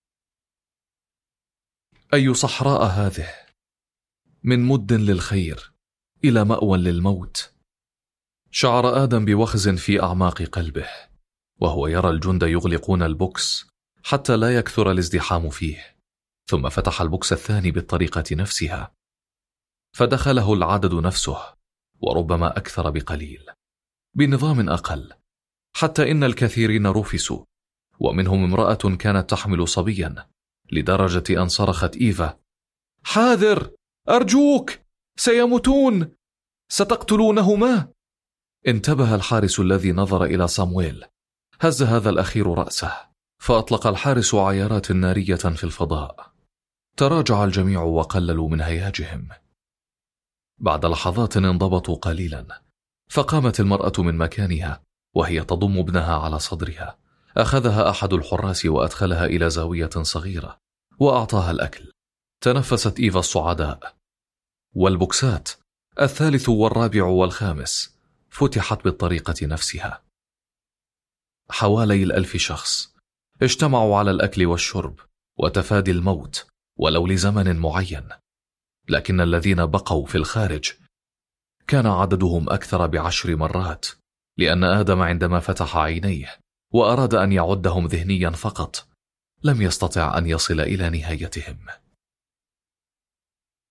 أي صحراء هذه؟ من مد للخير إلى مأوى للموت. شعر آدم بوخز في أعماق قلبه وهو يرى الجند يغلقون البوكس حتى لا يكثر الازدحام فيه، ثم فتح البوكس الثاني بالطريقة نفسها، فدخله العدد نفسه وربما أكثر بقليل بنظام أقل، حتى إن الكثيرين رفسوا، ومنهم امرأة كانت تحمل صبيا لدرجة أن صرخت إيفا: حاذر، أرجوك، سيموتون، ستقتلونهما. انتبه الحارس الذي نظر إلى صامويل. هز هذا الأخير رأسه، فأطلق الحارس عيارات نارية في الفضاء. تراجع الجميع وقللوا من هياجهم. بعد لحظات انضبطوا قليلا، فقامت المرأة من مكانها وهي تضم ابنها على صدرها. أخذها أحد الحراس وأدخلها إلى زاوية صغيرة وأعطاها الأكل. تنفست إيفا الصعداء، والبوكسات الثالث والرابع والخامس فتحت بالطريقة نفسها. حوالي الألف شخص اجتمعوا على الأكل والشرب وتفادي الموت ولو لزمن معين، لكن الذين بقوا في الخارج كان عددهم أكثر بعشر مرات، لأن آدم عندما فتح عينيه وأراد أن يعدهم ذهنيا فقط لم يستطع أن يصل إلى نهايتهم.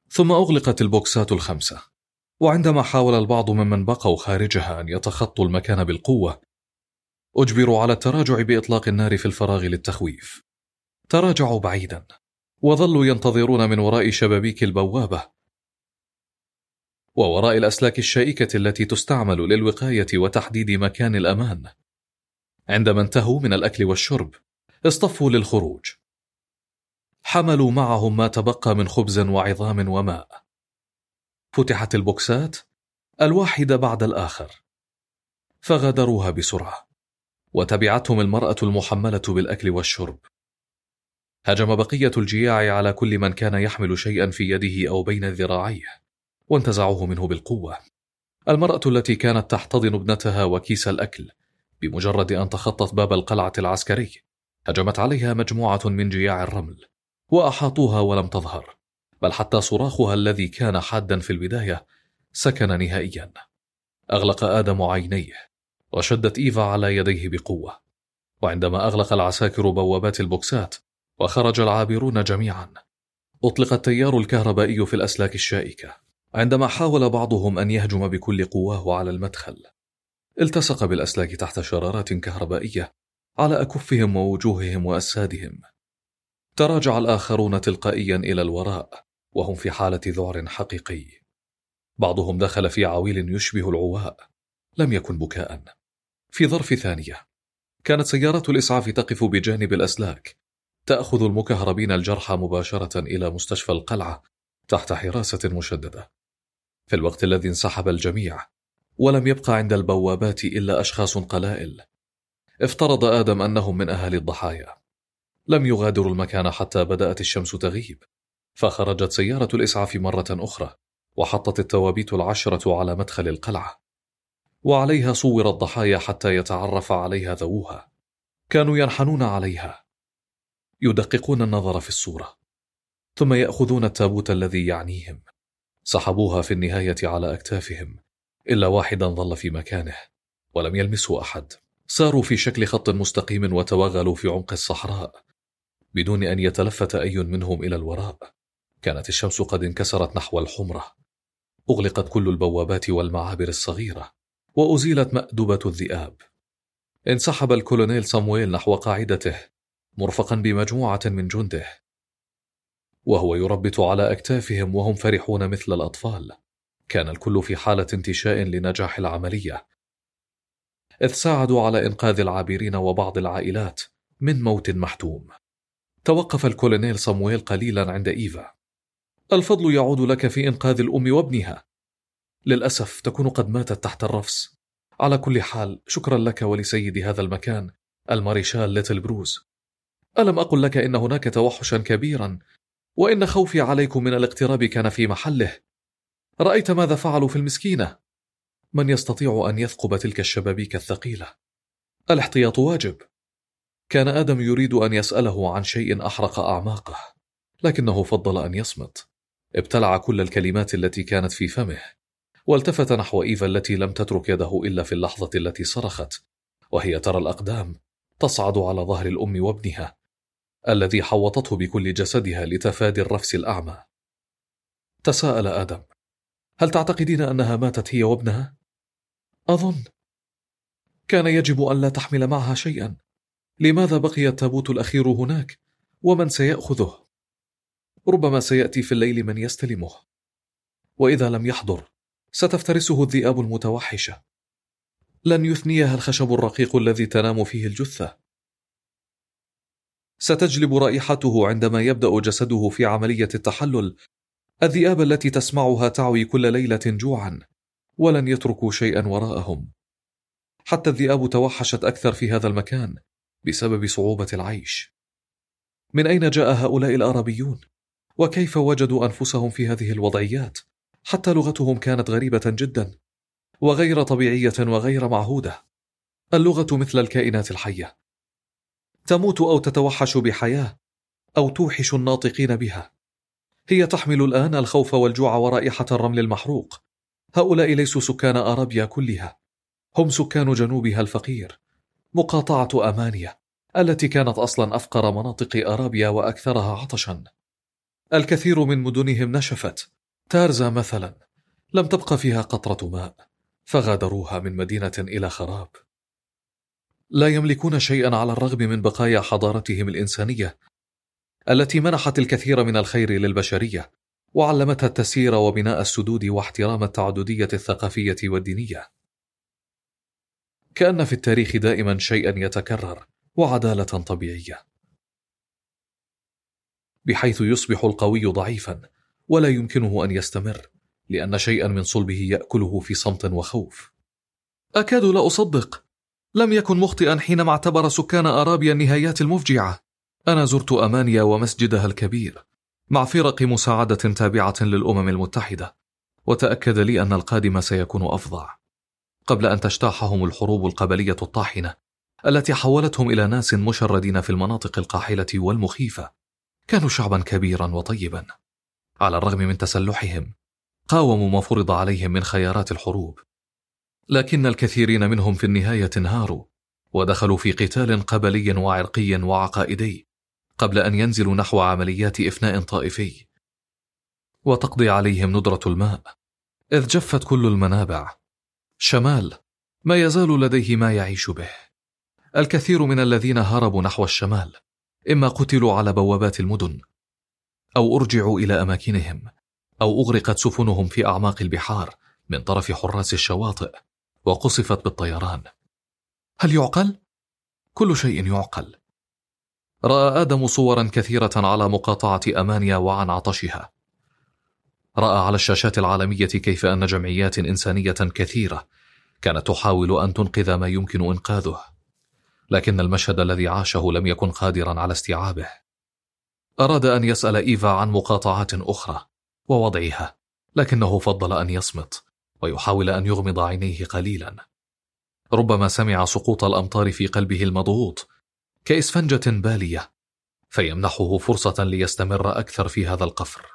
ثم أغلقت البوكسات الخمسة، وعندما حاول البعض ممن بقوا خارجها أن يتخطوا المكان بالقوة أجبروا على التراجع بإطلاق النار في الفراغ للتخويف. تراجعوا بعيدا وظلوا ينتظرون من وراء شبابيك البوابة ووراء الأسلاك الشائكة التي تستعمل للوقاية وتحديد مكان الأمان. عندما انتهوا من الأكل والشرب اصطفوا للخروج، حملوا معهم ما تبقى من خبز وعظام وماء. فتحت البوكسات الواحدة بعد الآخر فغادروها بسرعة، وتبعتهم المرأة المحملة بالأكل والشرب. هجم بقية الجياع على كل من كان يحمل شيئا في يده أو بين ذراعيه وانتزعوه منه بالقوة. المرأة التي كانت تحتضن ابنتها وكيس الأكل بمجرد أن تخطت باب القلعة العسكري هجمت عليها مجموعة من جياع الرمل وأحاطوها ولم تظهر، بل حتى صراخها الذي كان حادا في البداية سكن نهائيا. أغلق آدم عينيه وشدت إيفا على يديه بقوة، وعندما أغلق العساكر بوابات البوكسات وخرج العابرون جميعا أطلق التيار الكهربائي في الأسلاك الشائكة. عندما حاول بعضهم أن يهجم بكل قواه على المدخل التصق بالأسلاك تحت شرارات كهربائية على أكفهم ووجوههم وأسادهم. تراجع الآخرون تلقائيا إلى الوراء وهم في حالة ذعر حقيقي. بعضهم دخل في عويل يشبه العواء، لم يكن بكاء. في ظرف ثانية كانت سيارة الإسعاف تقف بجانب الأسلاك تأخذ المكهربين الجرحى مباشرة إلى مستشفى القلعة تحت حراسة مشددة. في الوقت الذي انسحب الجميع ولم يبقى عند البوابات إلا أشخاص قلائل، افترض آدم أنهم من أهالي الضحايا. لم يغادروا المكان حتى بدأت الشمس تغيب، فخرجت سيارة الإسعاف مرة أخرى وحطت التوابيت العشرة على مدخل القلعة، وعليها صور الضحايا حتى يتعرف عليها ذووها. كانوا ينحنون عليها يدققون النظر في الصورة، ثم يأخذون التابوت الذي يعنيهم. سحبوها في النهاية على أكتافهم، إلا واحدا ظل في مكانه ولم يلمسه أحد. ساروا في شكل خط مستقيم وتوغلوا في عمق الصحراء بدون أن يتلفت أي منهم إلى الوراء. كانت الشمس قد انكسرت نحو الحمرة. أغلقت كل البوابات والمعابر الصغيرة وأزيلت مأدبة الذئاب. انسحب الكولونيل صامويل نحو قاعدته مرفقا بمجموعة من جنده، وهو يربط على أكتافهم وهم فرحون مثل الأطفال. كان الكل في حالة انتشاء لنجاح العملية، إذ ساعدوا على إنقاذ العابرين وبعض العائلات من موت محتوم. توقف الكولونيل صامويل قليلا عند إيفا. الفضل يعود لك في إنقاذ الأم وابنها، للأسف تكون قد ماتت تحت الرفس. على كل حال شكرا لك ولسيد هذا المكان الماريشال ليتل بروز. ألم أقل لك إن هناك توحشا كبيرا وإن خوفي عليكم من الاقتراب كان في محله؟ رأيت ماذا فعلوا في المسكينة؟ من يستطيع أن يثقب تلك الشبابيك الثقيلة؟ الاحتياط واجب. كان آدم يريد أن يسأله عن شيء أحرق أعماقه، لكنه فضل أن يصمت. ابتلع كل الكلمات التي كانت في فمه، والتفت نحو إيفا التي لم تترك يده إلا في اللحظة التي صرخت وهي ترى الأقدام تصعد على ظهر الأم وابنها الذي حوطته بكل جسدها لتفادي الرفس الأعمى. تساءل آدم: هل تعتقدين أنها ماتت هي وابنها؟ أظن كان يجب أن لا تحمل معها شيئا. لماذا بقي التابوت الأخير هناك؟ ومن سيأخذه؟ ربما سيأتي في الليل من يستلمه، وإذا لم يحضر ستفترسه الذئاب المتوحشة. لن يثنيها الخشب الرقيق الذي تنام فيه الجثة. ستجلب رائحته عندما يبدأ جسده في عملية التحلل الذئاب التي تسمعها تعوي كل ليلة جوعا، ولن يتركوا شيئا وراءهم. حتى الذئاب توحشت أكثر في هذا المكان بسبب صعوبة العيش. من أين جاء هؤلاء الأرابيون؟ وكيف وجدوا أنفسهم في هذه الوضعيات؟ حتى لغتهم كانت غريبة جدا وغير طبيعية وغير معهودة. اللغة مثل الكائنات الحية، تموت أو تتوحش بحياة أو توحش الناطقين بها. هي تحمل الآن الخوف والجوع ورائحة الرمل المحروق. هؤلاء ليسوا سكان أرابيا كلها، هم سكان جنوبها الفقير، مقاطعة أمانيا التي كانت أصلا أفقر مناطق أرابيا وأكثرها عطشا. الكثير من مدنهم نشفت تارزا مثلا لم تبق فيها قطرة ماء، فغادروها من مدينة إلى خراب. لا يملكون شيئا على الرغم من بقايا حضارتهم الإنسانية التي منحت الكثير من الخير للبشرية، وعلمتها التسيير وبناء السدود واحترام التعددية الثقافية والدينية. كأن في التاريخ دائما شيئا يتكرر وعدالة طبيعية، بحيث يصبح القوي ضعيفا ولا يمكنه أن يستمر، لأن شيئا من صلبه يأكله في صمت وخوف. أكاد لا أصدق، لم يكن مخطئا حينما اعتبر سكان أرابيا النهايات المفجعة. أنا زرت أمانيا ومسجدها الكبير مع فرق مساعدة تابعة للأمم المتحدة، وتأكد لي أن القادم سيكون أفظع. قبل أن تجتاحهم الحروب القبلية الطاحنة التي حولتهم إلى ناس مشردين في المناطق القاحلة والمخيفة، كانوا شعبا كبيرا وطيبا. على الرغم من تسلحهم قاوموا ما فرض عليهم من خيارات الحروب، لكن الكثيرين منهم في النهاية انهاروا ودخلوا في قتال قبلي وعرقي وعقائدي قبل أن ينزلوا نحو عمليات إفناء طائفي وتقضي عليهم ندرة الماء، إذ جفت كل المنابع. شمال ما يزال لديه ما يعيش به. الكثير من الذين هربوا نحو الشمال إما قتلوا على بوابات المدن، أو أرجعوا إلى أماكنهم، أو أغرقت سفنهم في أعماق البحار من طرف حراس الشواطئ وقصفت بالطيران. هل يعقل؟ كل شيء يعقل. رأى آدم صورا كثيرة على مقاطعة أمانيا وعن عطشها. رأى على الشاشات العالمية كيف أن جمعيات إنسانية كثيرة كانت تحاول أن تنقذ ما يمكن إنقاذه، لكن المشهد الذي عاشه لم يكن قادرا على استيعابه. أراد أن يسأل إيفا عن مقاطعات أخرى ووضعها، لكنه فضل أن يصمت ويحاول أن يغمض عينيه قليلا. ربما سمع سقوط الأمطار في قلبه المضغوط كإسفنجة بالية، فيمنحه فرصة ليستمر أكثر في هذا القفر.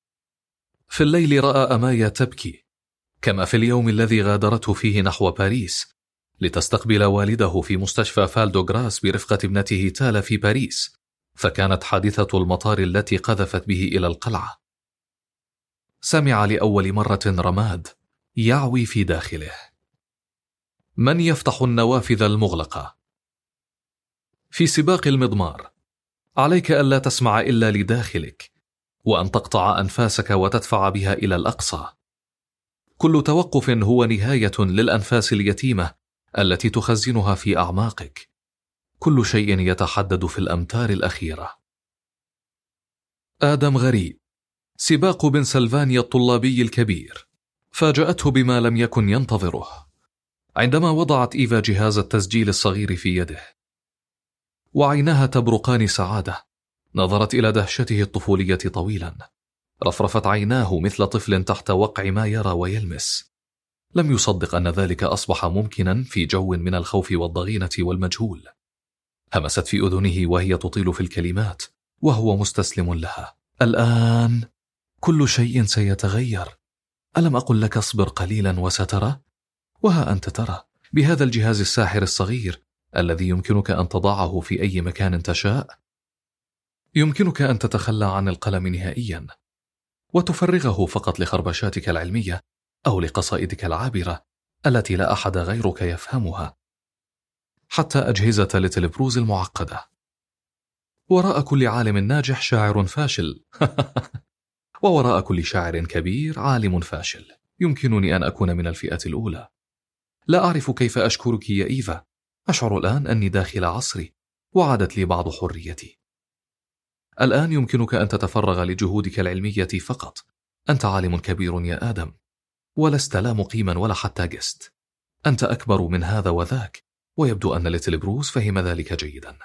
في الليل رأى أمايا تبكي، كما في اليوم الذي غادرته فيه نحو باريس لتستقبل والده في مستشفى فالدوغراس برفقة ابنته تالا في باريس، فكانت حادثة المطار التي قذفت به إلى القلعة. سمع لأول مرة رماد يعوي في داخله. من يفتح النوافذ المغلقة؟ في سباق المضمار عليك ألا تسمع إلا لداخلك، وأن تقطع أنفاسك وتدفع بها إلى الأقصى. كل توقف هو نهاية للأنفاس اليتيمة التي تخزنها في أعماقك. كل شيء يتحدد في الأمتار الأخيرة. آدم غريب، سباق بنسلفانيا الطلابي الكبير، فاجأته بما لم يكن ينتظره عندما وضعت إيفا جهاز التسجيل الصغير في يده، وعينها تبرقان سعادة. نظرت إلى دهشته الطفولية طويلا، رفرفت عيناه مثل طفل تحت وقع ما يرى ويلمس. لم يصدق أن ذلك أصبح ممكنا في جو من الخوف والضغينة والمجهول. همست في أذنه وهي تطيل في الكلمات وهو مستسلم لها. الآن كل شيء سيتغير. ألم أقل لك اصبر قليلا وسترى؟ وها أنت ترى، بهذا الجهاز الساحر الصغير الذي يمكنك أن تضعه في أي مكان تشاء، يمكنك أن تتخلى عن القلم نهائيا وتفرغه فقط لخربشاتك العلمية أو لقصائدك العابرة التي لا أحد غيرك يفهمها، حتى أجهزة ليتل بروز المعقدة. وراء كل عالم ناجح شاعر فاشل ووراء كل شاعر كبير عالم فاشل. يمكنني أن أكون من الفئة الأولى. لا أعرف كيف أشكرك يا إيفا. أشعر الآن أني داخل عصري وعادت لي بعض حريتي. الآن يمكنك أن تتفرغ لجهودك العلمية فقط. أنت عالم كبير يا آدم، ولست لا مقيما ولا حتى جست. أنت أكبر من هذا وذاك، ويبدو أن ليتل بروز فهم ذلك جيدا.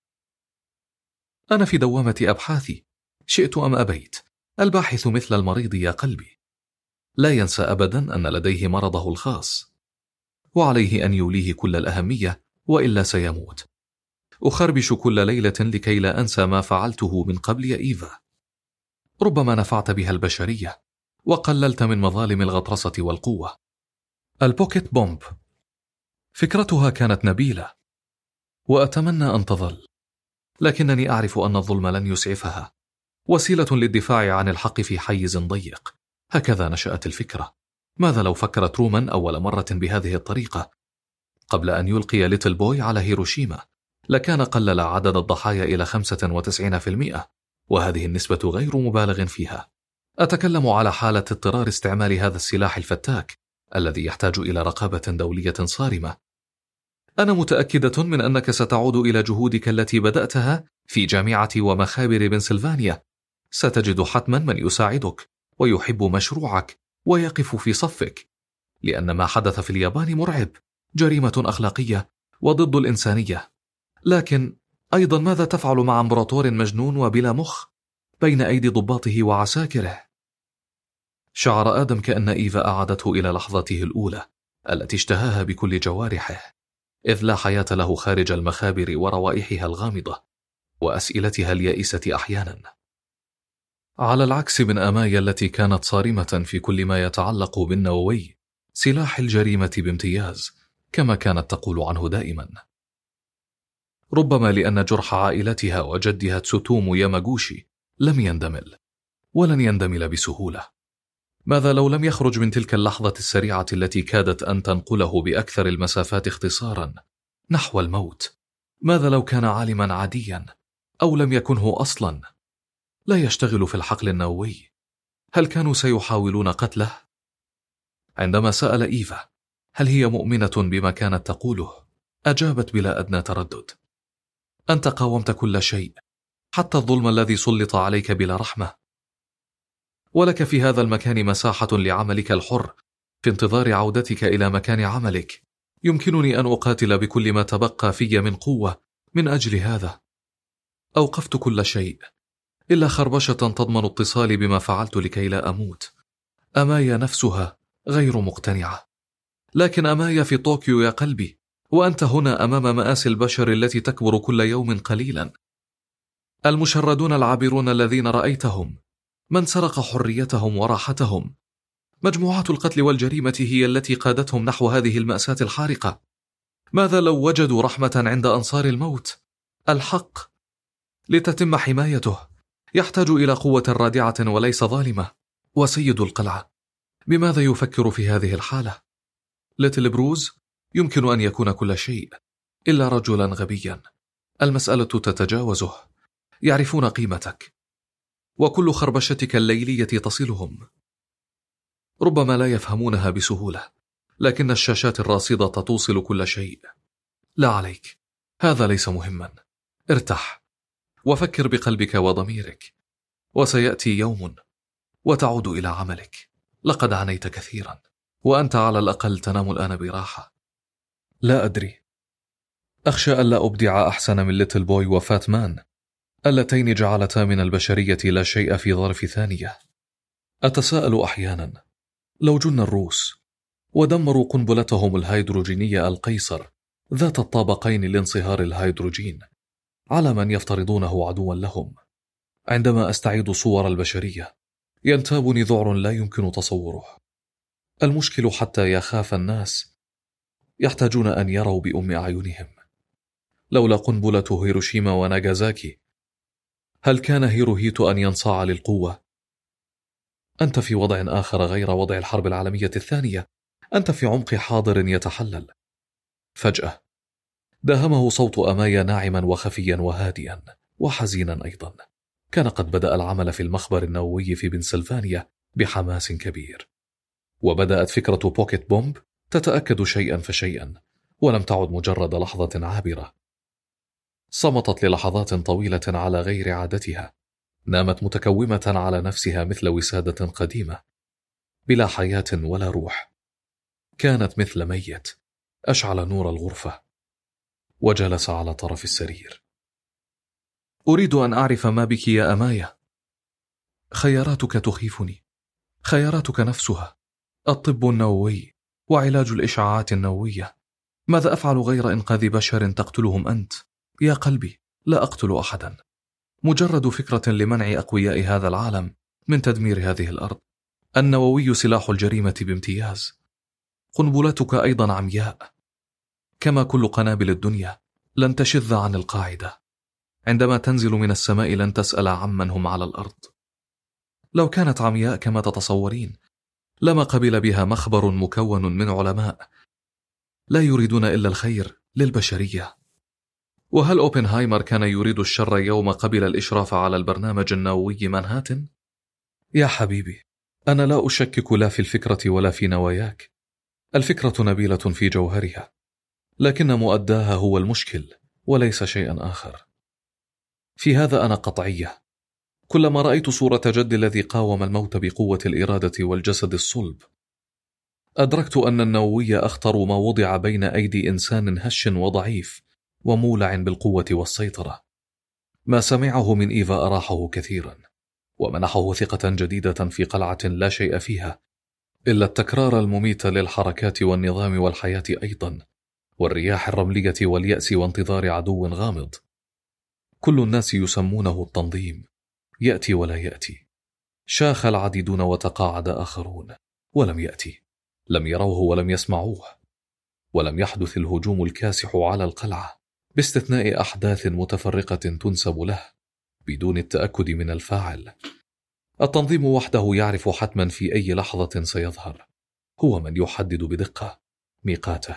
أنا في دوامة أبحاثي، شئت أم أبيت. الباحث مثل المريض يا قلبي، لا ينسى أبدا أن لديه مرضه الخاص، وعليه أن يوليه كل الأهمية وإلا سيموت. أخربش كل ليلة لكي لا أنسى ما فعلته من قبل يا إيفا. ربما نفعت بها البشرية وقللت من مظالم الغطرسة والقوة. البوكيت بومب فكرتها كانت نبيلة وأتمنى أن تظل، لكنني أعرف أن الظلم لن يسعفها. وسيلة للدفاع عن الحق في حيز ضيق هكذا نشأت الفكرة. ماذا لو فكر ترومان أول مرة بهذه الطريقة؟ قبل أن يلقي ليتل بوي على هيروشيما لكان قلل عدد الضحايا إلى خمسة وتسعين بالمئة، وهذه النسبة غير مبالغ فيها. أتكلم على حالة اضطرار استعمال هذا السلاح الفتاك الذي يحتاج إلى رقابة دولية صارمة. أنا متأكدة من أنك ستعود إلى جهودك التي بدأتها في جامعة ومخابر بنسلفانيا. ستجد حتما من يساعدك ويحب مشروعك ويقف في صفك، لأن ما حدث في اليابان مرعب، جريمة أخلاقية وضد الإنسانية. لكن أيضا ماذا تفعل مع امبراطور مجنون وبلا مخ بين أيدي ضباطه وعساكره؟ شعر آدم كأن إيفا أعادته إلى لحظته الأولى التي اشتهاها بكل جوارحه، إذ لا حياة له خارج المخابر وروائحها الغامضة وأسئلتها اليائسة أحيانا. على العكس من أمايا التي كانت صارمة في كل ما يتعلق بالنووي، سلاح الجريمة بامتياز كما كانت تقول عنه دائما. ربما لأن جرح عائلتها وجدها تسوتومو ياماغوشي لم يندمل، ولن يندمل بسهولة. ماذا لو لم يخرج من تلك اللحظة السريعة التي كادت أن تنقله بأكثر المسافات اختصارا نحو الموت؟ ماذا لو كان عالما عاديا أو لم يكنه أصلا، لا يشتغل في الحقل النووي؟ هل كانوا سيحاولون قتله؟ عندما سأل إيفا هل هي مؤمنة بما كانت تقوله، أجابت بلا أدنى تردد: أنت قاومت كل شيء، حتى الظلم الذي سلط عليك بلا رحمة، ولك في هذا المكان مساحة لعملك الحر في انتظار عودتك إلى مكان عملك. يمكنني أن أقاتل بكل ما تبقى في من قوة من أجل هذا. أوقفت كل شيء إلا خربشة تضمن اتصالي بما فعلت لكي لا أموت. أمايا نفسها غير مقتنعة. لكن أمايا في طوكيو يا قلبي، وأنت هنا أمام مآسي البشر التي تكبر كل يوم قليلا. المشردون العابرون الذين رأيتهم، من سرق حريتهم وراحتهم. مجموعات القتل والجريمة هي التي قادتهم نحو هذه المأساة الحارقة. ماذا لو وجدوا رحمة عند أنصار الموت؟ الحق لتتم حمايته يحتاج إلى قوة رادعة وليس ظالمة. وسيد القلعة بماذا يفكر في هذه الحالة؟ ليتل بروز يمكن أن يكون كل شيء إلا رجلا غبيا. المسألة تتجاوزه. يعرفون قيمتك، وكل خربشتك الليلية تصلهم. ربما لا يفهمونها بسهولة، لكن الشاشات الراصدة توصل كل شيء. لا عليك، هذا ليس مهما. ارتاح وفكر بقلبك وضميرك، وسيأتي يوم وتعود إلى عملك. لقد عانيت كثيرا، وأنت على الأقل تنام الآن براحة. لا أدري، أخشى ألا أبدع أحسن من ليتل بوي وفات مان اللتين جعلتا من البشرية لا شيء في ظرف ثانية. أتساءل أحيانا لو جن الروس ودمروا قنبلتهم الهيدروجينية القيصر ذات الطابقين لانصهار الهيدروجين على من يفترضونه عدوا لهم. عندما أستعيد صور البشرية ينتابني ذعر لا يمكن تصوره. المشكل حتى يخاف الناس يحتاجون أن يروا بأم أعينهم. لولا قنبلة هيروشيما وناغازاكي هل كان هيروهيتو أن ينصاع للقوة؟ أنت في وضع آخر غير وضع الحرب العالمية الثانية. أنت في عمق حاضر يتحلل. فجأة داهمه صوت أمايا ناعما وخفيا وهادئا وحزينا أيضا. كان قد بدأ العمل في المخبر النووي في بنسلفانيا بحماس كبير، وبدأت فكرة بوكيت بومب تتأكد شيئا فشيئا، ولم تعد مجرد لحظة عابرة. صمتت للحظات طويلة على غير عادتها. نامت متكومة على نفسها مثل وسادة قديمة بلا حياة ولا روح. كانت مثل ميت. أشعل نور الغرفة وجلس على طرف السرير. أريد أن أعرف ما بك يا أمايا. خياراتك تخيفني، خياراتك نفسها، الطب النووي وعلاج الإشعاعات النووية. ماذا أفعل غير إنقاذ بشر تقتلهم أنت؟ يا قلبي، لا أقتل أحدا. مجرد فكرة لمنع أقوياء هذا العالم من تدمير هذه الأرض. النووي سلاح الجريمة بامتياز. قنبلتك أيضا عمياء، كما كل قنابل الدنيا لن تشذ عن القاعدة. عندما تنزل من السماء لن تسأل عمن هم على الأرض. لو كانت عمياء كما تتصورين لما قبل بها مخبر مكون من علماء لا يريدون إلا الخير للبشرية. وهل أوبنهايمر كان يريد الشر يوم قبل الإشراف على البرنامج النووي مانهاتن؟ يا حبيبي، أنا لا أشكك لا في الفكرة ولا في نواياك. الفكرة نبيلة في جوهرها، لكن مؤداها هو المشكل وليس شيئا آخر. في هذا أنا قطعية. كلما رأيت صورة جدي الذي قاوم الموت بقوة الإرادة والجسد الصلب، أدركت أن النووي أخطر ما وضع بين أيدي إنسان هش وضعيف ومولع بالقوة والسيطرة. ما سمعه من إيفا أراحه كثيرا، ومنحه ثقة جديدة في قلعة لا شيء فيها إلا التكرار المميت للحركات والنظام والحياة أيضا، والرياح الرملية واليأس وانتظار عدو غامض. كل الناس يسمونه التنظيم، يأتي ولا يأتي. شاخ العديدون وتقاعد آخرون ولم يأتي، لم يروه ولم يسمعوه، ولم يحدث الهجوم الكاسح على القلعة باستثناء أحداث متفرقة تنسب له بدون التأكد من الفاعل. التنظيم وحده يعرف حتما في أي لحظة سيظهر، هو من يحدد بدقة ميقاته.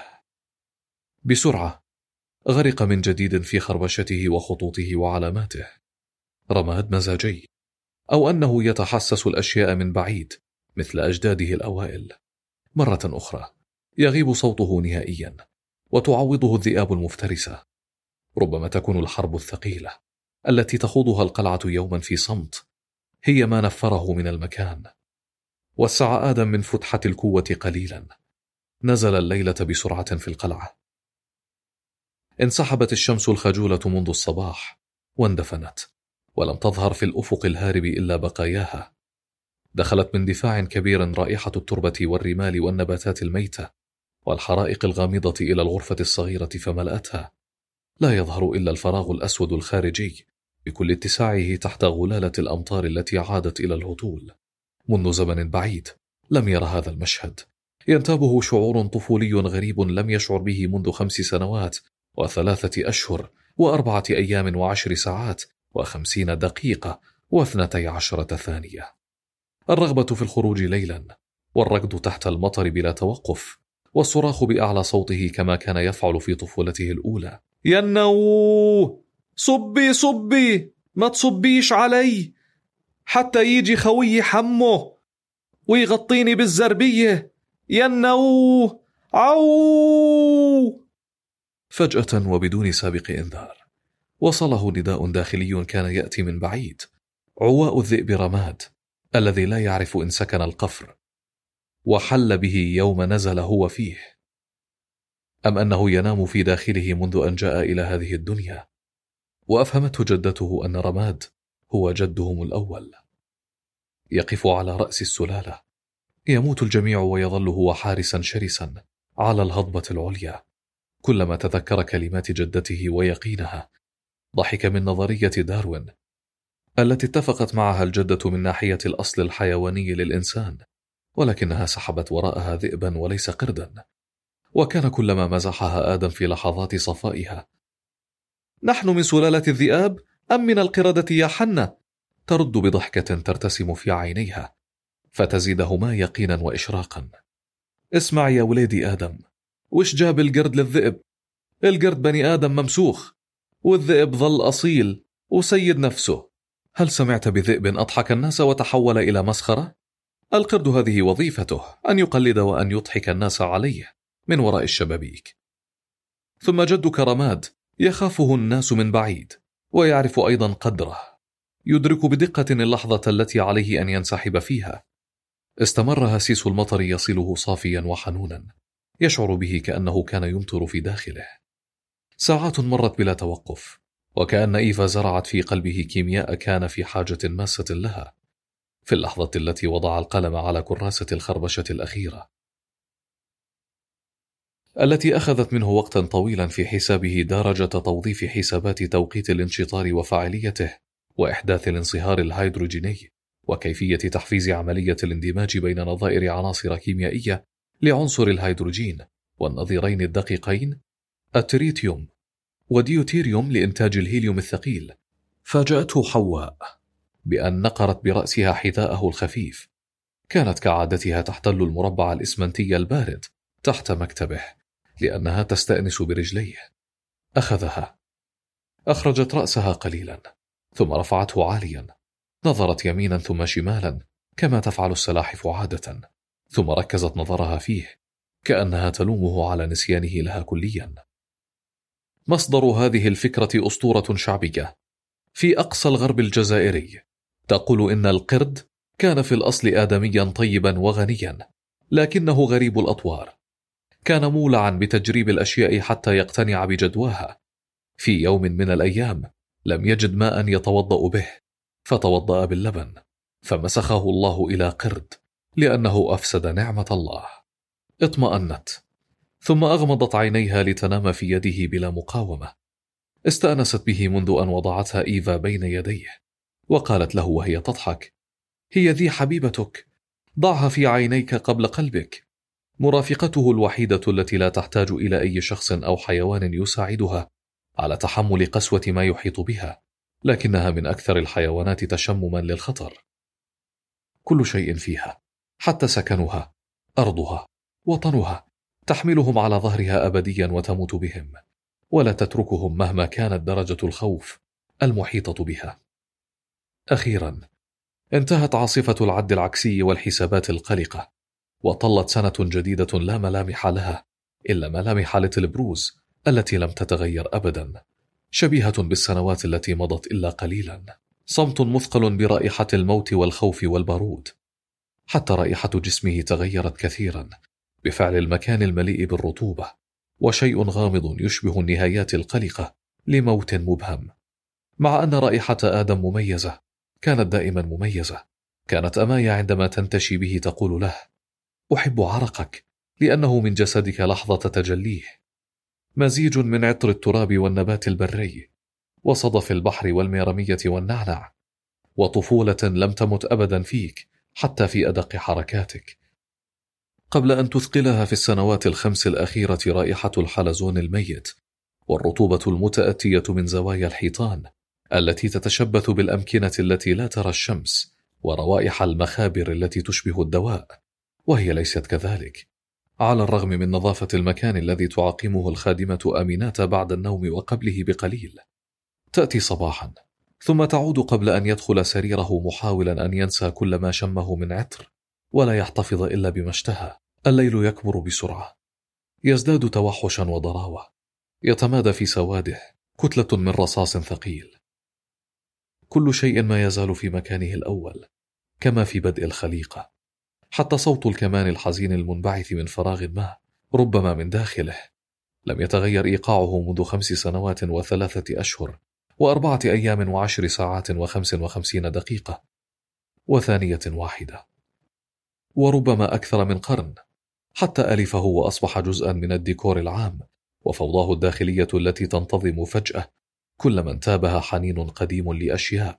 بسرعة غرق من جديد في خربشته وخطوطه وعلاماته. رماد مزاجي، أو أنه يتحسس الأشياء من بعيد مثل أجداده الأوائل. مرة أخرى يغيب صوته نهائيا وتعوضه الذئاب المفترسة. ربما تكون الحرب الثقيلة التي تخوضها القلعة يوما في صمت هي ما نفره من المكان. وسع آدم من فتحة القوة قليلا. نزل الليلة بسرعة في القلعة. انسحبت الشمس الخجولة منذ الصباح واندفنت، ولم تظهر في الأفق الهارب إلا بقاياها. دخلت من دفاع كبير رائحة التربة والرمال والنباتات الميتة والحرائق الغامضة إلى الغرفة الصغيرة فملأتها. لا يظهر إلا الفراغ الأسود الخارجي بكل اتساعه تحت غلالة الأمطار التي عادت إلى الهطول. منذ زمن بعيد لم ير هذا المشهد. ينتابه شعور طفولي غريب لم يشعر به منذ خمس سنوات وثلاثة أشهر وأربعة أيام وعشر ساعات وخمسين دقيقة واثنتي عشرة ثانية. الرغبة في الخروج ليلا، والركض تحت المطر بلا توقف، والصراخ بأعلى صوته كما كان يفعل في طفولته الأولى. ينو صبي صبي، ما تصبيش علي حتى يجي خوي حمه ويغطيني بالزربية. ينو عو. فجأة وبدون سابق إنذار وصله نداء داخلي كان يأتي من بعيد. عواء الذئب رماد الذي لا يعرف إن سكن القفر وحل به يوم نزل هو فيه، أم أنه ينام في داخله منذ أن جاء إلى هذه الدنيا. وأفهمته جدته أن رماد هو جدهم الأول. يقف على رأس السلالة. يموت الجميع ويظل هو حارسا شرسا على الهضبة العليا. كلما تذكر كلمات جدته ويقينها ضحك من نظرية داروين التي اتفقت معها الجدة من ناحية الأصل الحيواني للإنسان، ولكنها سحبت وراءها ذئبا وليس قردا. وكان كلما مزحها آدم في لحظات صفائها: نحن من سلالة الذئاب أم من القردة يا حنة؟ ترد بضحكة ترتسم في عينيها فتزيدهما يقينا وإشراقا. اسمع يا وليدي آدم، وش جاب القرد للذئب؟ القرد بني آدم ممسوخ، والذئب ظل أصيل وسيد نفسه. هل سمعت بذئب أضحك الناس وتحول إلى مسخرة؟ القرد هذه وظيفته، أن يقلد وأن يضحك الناس عليه من وراء الشبابيك. ثم جدك رماد يخافه الناس من بعيد ويعرف أيضا قدره، يدرك بدقة اللحظة التي عليه أن ينسحب فيها. استمر هسيس المطر يصله صافيا وحنونا، يشعر به كأنه كان يمطر في داخله. ساعات مرت بلا توقف، وكأن إيفا زرعت في قلبه كيمياء كان في حاجة ماسة لها في اللحظة التي وضع القلم على كراسة الخربشة الأخيرة التي أخذت منه وقتا طويلا في حسابه درجة توظيف حسابات توقيت الانشطار وفاعليته وإحداث الانصهار الهيدروجيني وكيفية تحفيز عملية الاندماج بين نظائر عناصر كيميائية لعنصر الهيدروجين والنظيرين الدقيقين التريتيوم وديوتيريوم لإنتاج الهيليوم الثقيل. فاجأته حواء بأن نقرت برأسها حذاءه الخفيف. كانت كعادتها تحتل المربع الإسمنتي البارد تحت مكتبه لأنها تستأنس برجليه. أخذها، أخرجت رأسها قليلا ثم رفعته عاليا، نظرت يمينا ثم شمالا كما تفعل السلاحف عادة، ثم ركزت نظرها فيه كأنها تلومه على نسيانه لها كليا. مصدر هذه الفكرة أسطورة شعبية في أقصى الغرب الجزائري تقول إن القرد كان في الأصل آدميا طيبا وغنيا، لكنه غريب الأطوار. كان مولعا بتجريب الأشياء حتى يقتنع بجدواها. في يوم من الأيام لم يجد ماء يتوضأ به، فتوضأ باللبن، فمسخه الله إلى قرد لأنه أفسد نعمة الله. اطمأنت، ثم أغمضت عينيها لتنام في يده بلا مقاومة. استأنست به منذ أن وضعتها إيفا بين يديه، وقالت له وهي تضحك: هي ذي حبيبتك، ضعها في عينيك قبل قلبك. مرافقته الوحيدة التي لا تحتاج إلى أي شخص أو حيوان يساعدها على تحمل قسوة ما يحيط بها، لكنها من أكثر الحيوانات تشمما للخطر. كل شيء فيها، حتى سكنها، أرضها، وطنها، تحملهم على ظهرها أبديا وتموت بهم، ولا تتركهم مهما كانت درجة الخوف المحيطة بها. أخيرا انتهت عاصفة العد العكسي والحسابات القلقة، وطلت سنة جديدة لا ملامح لها إلا ملامح ليتل بروز التي لم تتغير أبدا، شبيهة بالسنوات التي مضت إلا قليلا. صمت مثقل برائحة الموت والخوف والبارود، حتى رائحة جسمه تغيرت كثيرا بفعل المكان المليء بالرطوبة، وشيء غامض يشبه النهايات القلقة لموت مبهم. مع أن رائحة آدم مميزة، كانت دائما مميزة. كانت أمايا عندما تنتشي به تقول له: أحب عرقك لأنه من جسدك لحظة تجليه، مزيج من عطر التراب والنبات البري وصدف البحر والميرمية والنعنع، وطفولة لم تمت أبدا فيك حتى في أدق حركاتك. قبل أن تثقلها في السنوات الخمس الأخيرة رائحة الحلزون الميت والرطوبة المتأتية من زوايا الحيطان التي تتشبث بالأمكنة التي لا ترى الشمس، وروائح المخابر التي تشبه الدواء وهي ليست كذلك، على الرغم من نظافة المكان الذي تعقمه الخادمة أمينات بعد النوم وقبله بقليل. تأتي صباحا ثم تعود قبل أن يدخل سريره محاولا أن ينسى كل ما شمه من عطر ولا يحتفظ إلا بما اشتهى. الليل يكبر بسرعة، يزداد توحشا وضراوة، يتمادى في سواده كتلة من رصاص ثقيل. كل شيء ما يزال في مكانه الأول كما في بدء الخليقة، حتى صوت الكمان الحزين المنبعث من فراغ ما ربما من داخله لم يتغير إيقاعه منذ خمس سنوات وثلاثة أشهر وأربعة أيام وعشر ساعات وخمس وخمسين دقيقة وثانية واحدة، وربما أكثر من قرن، حتى ألفه وأصبح جزءا من الديكور العام وفوضاه الداخلية التي تنتظم فجأة كلما انتابها حنين قديم لأشياء.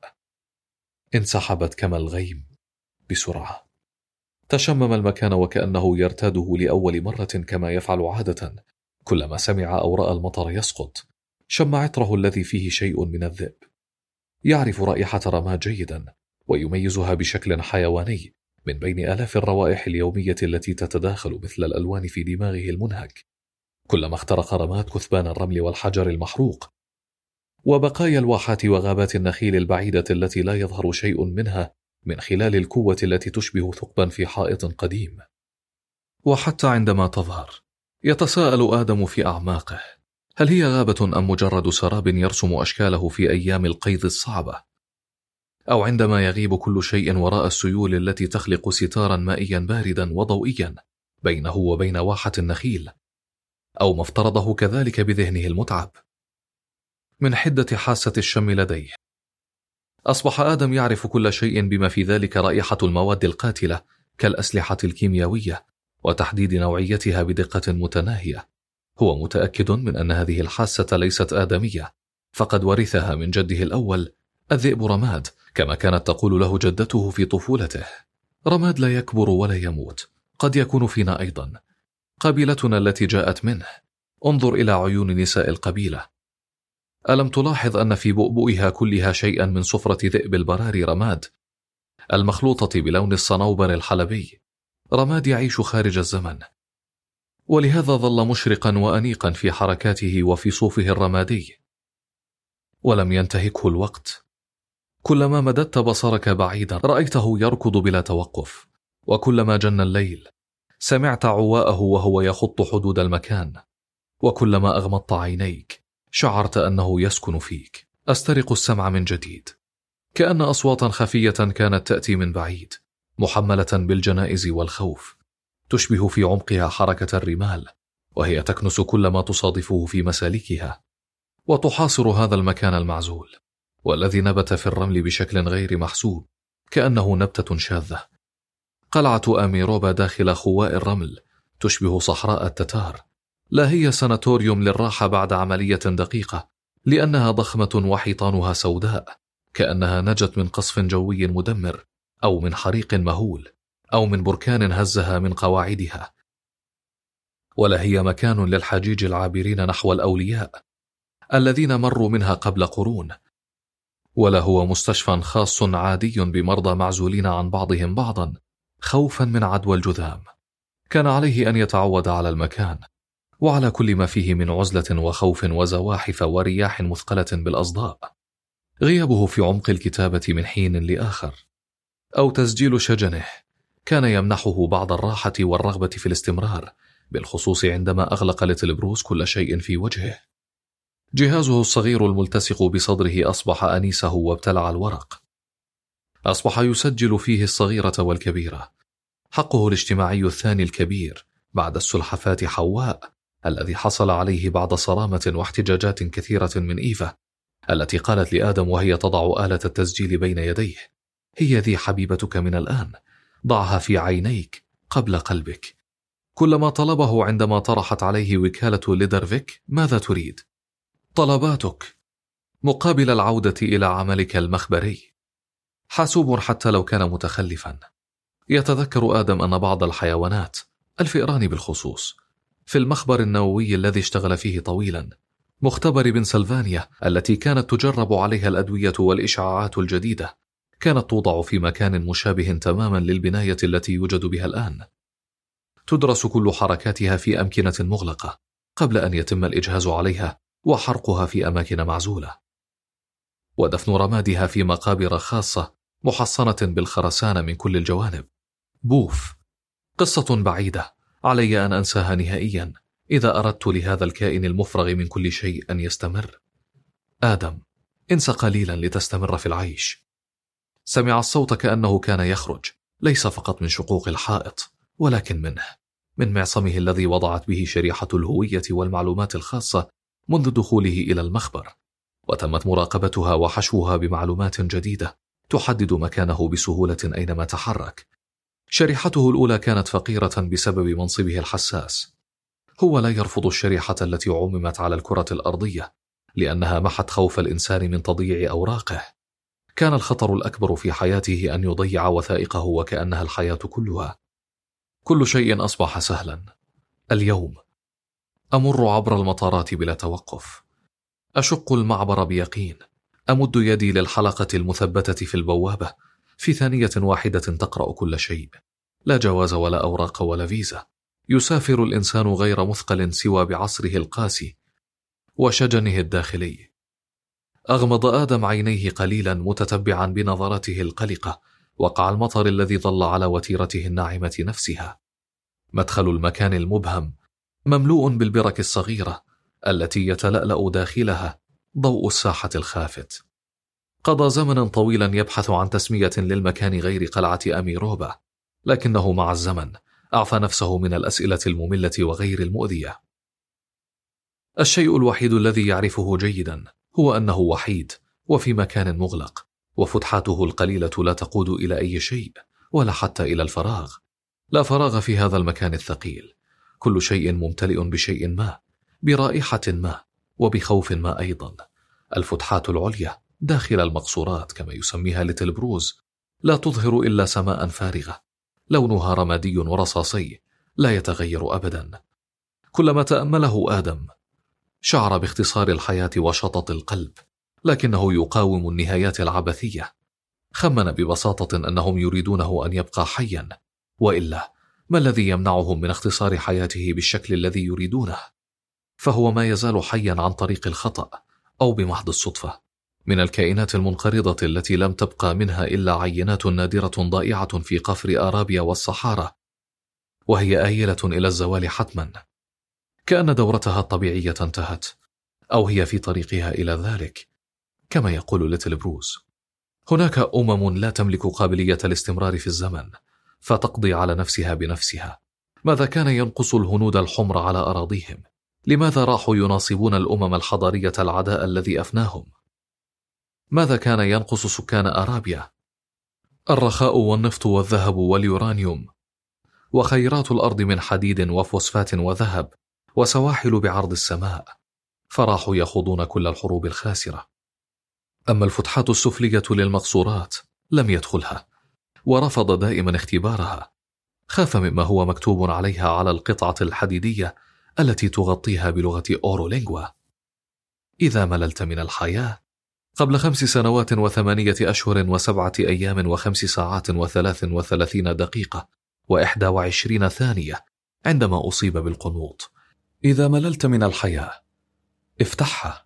انسحبت كما الغيم بسرعة. تشمم المكان وكأنه يرتاده لأول مرة كما يفعل عادة كلما سمع أو رأى المطر يسقط. شم عطره الذي فيه شيء من الذئب. يعرف رائحة رماد جيدا ويميزها بشكل حيواني من بين آلاف الروائح اليومية التي تتداخل مثل الألوان في دماغه المنهك كلما اخترق رماد كثبان الرمل والحجر المحروق وبقايا الواحات وغابات النخيل البعيدة التي لا يظهر شيء منها من خلال الكوة التي تشبه ثقبا في حائط قديم. وحتى عندما تظهر يتساءل آدم في أعماقه: هل هي غابة أم مجرد سراب يرسم أشكاله في أيام القيظ الصعبة؟ أو عندما يغيب كل شيء وراء السيول التي تخلق ستارا مائيا باردا وضوئيا بينه وبين واحة النخيل؟ أو ما افترضه كذلك بذهنه المتعب من حدة حاسة الشم لديه. أصبح آدم يعرف كل شيء بما في ذلك رائحة المواد القاتلة كالأسلحة الكيميائية وتحديد نوعيتها بدقة متناهية. هو متأكد من أن هذه الحاسة ليست آدمية، فقد ورثها من جده الأول الذئب رماد، كما كانت تقول له جدته في طفولته: رماد لا يكبر ولا يموت، قد يكون فينا أيضا، قبيلتنا التي جاءت منه، انظر إلى عيون نساء القبيلة. ألم تلاحظ أن في بؤبؤها كلها شيئا من صفرة ذئب البراري رماد المخلوطة بلون الصنوبر الحلبي، رماد يعيش خارج الزمن، ولهذا ظل مشرقا وأنيقا في حركاته وفي صوفه الرمادي. ولم ينتهكه الوقت، كلما مددت بصرك بعيدا رأيته يركض بلا توقف، وكلما جن الليل سمعت عواءه وهو يخط حدود المكان، وكلما أغمضت عينيك شعرت أنه يسكن فيك. أسترق السمع من جديد، كأن أصواتا خفية كانت تأتي من بعيد محملة بالجنائز والخوف، تشبه في عمقها حركة الرمال وهي تكنس كل ما تصادفه في مسالكها، وتحاصر هذا المكان المعزول والذي نبت في الرمل بشكل غير محسوب، كأنه نبتة شاذة. قلعة أميروبا داخل خواء الرمل تشبه صحراء التتار، لا هي ساناتوريوم للراحة بعد عملية دقيقة، لأنها ضخمة وحيطانها سوداء، كأنها نجت من قصف جوي مدمر أو من حريق مهول أو من بركان هزها من قواعدها. ولا هي مكان للحجيج العابرين نحو الأولياء الذين مروا منها قبل قرون، ولا هو مستشفى خاص عادي بمرضى معزولين عن بعضهم بعضا خوفا من عدوى الجذام. كان عليه أن يتعود على المكان وعلى كل ما فيه من عزلة وخوف وزواحف ورياح مثقلة بالأصداء. غيابه في عمق الكتابة من حين لآخر أو تسجيل شجنه كان يمنحه بعض الراحة والرغبة في الاستمرار، بالخصوص عندما أغلق ليتل بروس كل شيء في وجهه. جهازه الصغير الملتصق بصدره أصبح أنيسه وابتلع الورق، أصبح يسجل فيه الصغيرة والكبيرة، حقه الاجتماعي الثاني الكبير بعد السلحفاة حواء الذي حصل عليه بعد صرامة واحتجاجات كثيرة من إيفا التي قالت لآدم وهي تضع آلة التسجيل بين يديه: هي ذي حبيبتك من الآن، ضعها في عينيك قبل قلبك. كلما طلبه عندما طرحت عليه وكالة ليدرفيك: ماذا تريد؟ طلباتك مقابل العودة إلى عملك المخبري. حاسوب حتى لو كان متخلفا. يتذكر آدم أن بعض الحيوانات، الفئران بالخصوص، في المخبر النووي الذي اشتغل فيه طويلا، مختبر بنسلفانيا التي كانت تجرب عليها الأدوية والإشعاعات الجديدة، كانت توضع في مكان مشابه تماما للبناية التي يوجد بها الآن. تدرس كل حركاتها في أمكنة مغلقة قبل أن يتم الإجهاز عليها وحرقها في أماكن معزولة، ودفن رمادها في مقابر خاصة محصنة بالخرسانة من كل الجوانب. بوف، قصة بعيدة علي أن أنساها نهائيا إذا أردت لهذا الكائن المفرغ من كل شيء أن يستمر. آدم، انس قليلا لتستمر في العيش. سمع الصوت كأنه كان يخرج ليس فقط من شقوق الحائط، ولكن منه، من معصمه الذي وضعت به شريحة الهوية والمعلومات الخاصة منذ دخوله إلى المخبر، وتمت مراقبتها وحشوها بمعلومات جديدة تحدد مكانه بسهولة أينما تحرك. شريحته الأولى كانت فقيرة بسبب منصبه الحساس. هو لا يرفض الشريحة التي عممت على الكرة الأرضية لأنها محت خوف الإنسان من تضييع أوراقه. كان الخطر الأكبر في حياته أن يضيع وثائقه وكأنها الحياة كلها. كل شيء أصبح سهلا. اليوم أمر عبر المطارات بلا توقف، أشق المعبر بيقين، أمد يدي للحلقة المثبتة في البوابة، في ثانية واحدة تقرأ كل شيء، لا جواز ولا أوراق ولا فيزا. يسافر الإنسان غير مثقل سوى بعصره القاسي وشجنه الداخلي. أغمض آدم عينيه قليلا متتبعا بنظرته القلقة وقع المطر الذي ظل على وتيرته الناعمة نفسها. مدخل المكان المبهم مملوء بالبرك الصغيرة التي يتلألأ داخلها ضوء الساحة الخافت. قضى زمنا طويلا يبحث عن تسمية للمكان غير قلعة أميروبا، لكنه مع الزمن أعفى نفسه من الأسئلة المملة وغير المؤذية. الشيء الوحيد الذي يعرفه جيدا هو أنه وحيد وفي مكان مغلق، وفتحاته القليلة لا تقود إلى أي شيء ولا حتى إلى الفراغ. لا فراغ في هذا المكان الثقيل، كل شيء ممتلئ بشيء ما، برائحة ما وبخوف ما أيضا. الفتحات العليا داخل المقصورات كما يسميها ليتل بروز لا تظهر إلا سماء فارغة، لونها رمادي ورصاصي لا يتغير أبدا. كلما تأمله آدم شعر باختصار الحياة وشطط القلب، لكنه يقاوم النهايات العبثية. خمن ببساطة أنهم يريدونه أن يبقى حيا، وإلا ما الذي يمنعهم من اختصار حياته بالشكل الذي يريدونه؟ فهو ما يزال حيا عن طريق الخطأ أو بمحض الصدفة، من الكائنات المنقرضة التي لم تبقى منها إلا عينات نادرة ضائعة في قفر آرابيا والصحارى، وهي آيلة إلى الزوال حتما، كأن دورتها الطبيعية انتهت، أو هي في طريقها إلى ذلك، كما يقول ليتل بروس. هناك أمم لا تملك قابلية الاستمرار في الزمن، فتقضي على نفسها بنفسها. ماذا كان ينقص الهنود الحمر على أراضيهم؟ لماذا راحوا يناصبون الأمم الحضارية العداء الذي أفناهم؟ ماذا كان ينقص سكان أرابيا؟ الرخاء والنفط والذهب واليورانيوم، وخيرات الأرض من حديد وفوسفات وذهب، وسواحل بعرض السماء، فراحوا يخوضون كل الحروب الخاسرة. أما الفتحات السفلية للمقصورات لم يدخلها، ورفض دائما اختبارها. خاف مما هو مكتوب عليها على القطعة الحديدية التي تغطيها بلغة أورولينغوا: إذا مللت من الحياة. قبل خمس سنوات وثمانية أشهر وسبعة أيام وخمس ساعات وثلاث وثلاثين دقيقة وإحدى وعشرين ثانية، عندما أصيب بالقنوط. إذا مللت من الحياة افتحها.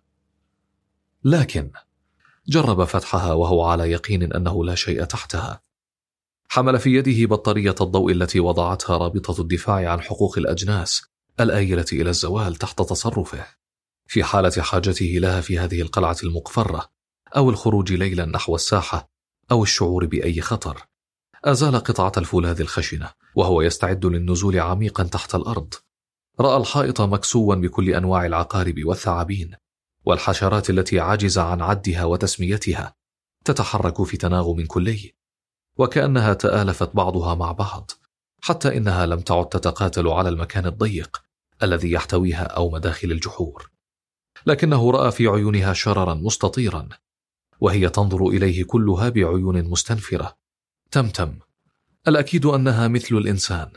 لكن جرب فتحها وهو على يقين أنه لا شيء تحتها. حمل في يده بطارية الضوء التي وضعتها رابطة الدفاع عن حقوق الأجناس الآيلة إلى الزوال تحت تصرفه، في حالة حاجته لها في هذه القلعة المقفرة، أو الخروج ليلا نحو الساحة، أو الشعور بأي خطر. أزال قطعة الفولاذ الخشنة وهو يستعد للنزول عميقا تحت الأرض. رأى الحائط مكسوا بكل أنواع العقارب والثعابين والحشرات التي عجز عن عدها وتسميتها، تتحرك في تناغم كلي، وكأنها تآلفت بعضها مع بعض، حتى إنها لم تعد تتقاتل على المكان الضيق الذي يحتويها أو مداخل الجحور. لكنه رأى في عيونها شررا مستطيرا، وهي تنظر إليه كلها بعيون مستنفرة. تمتم، الأكيد أنها مثل الإنسان.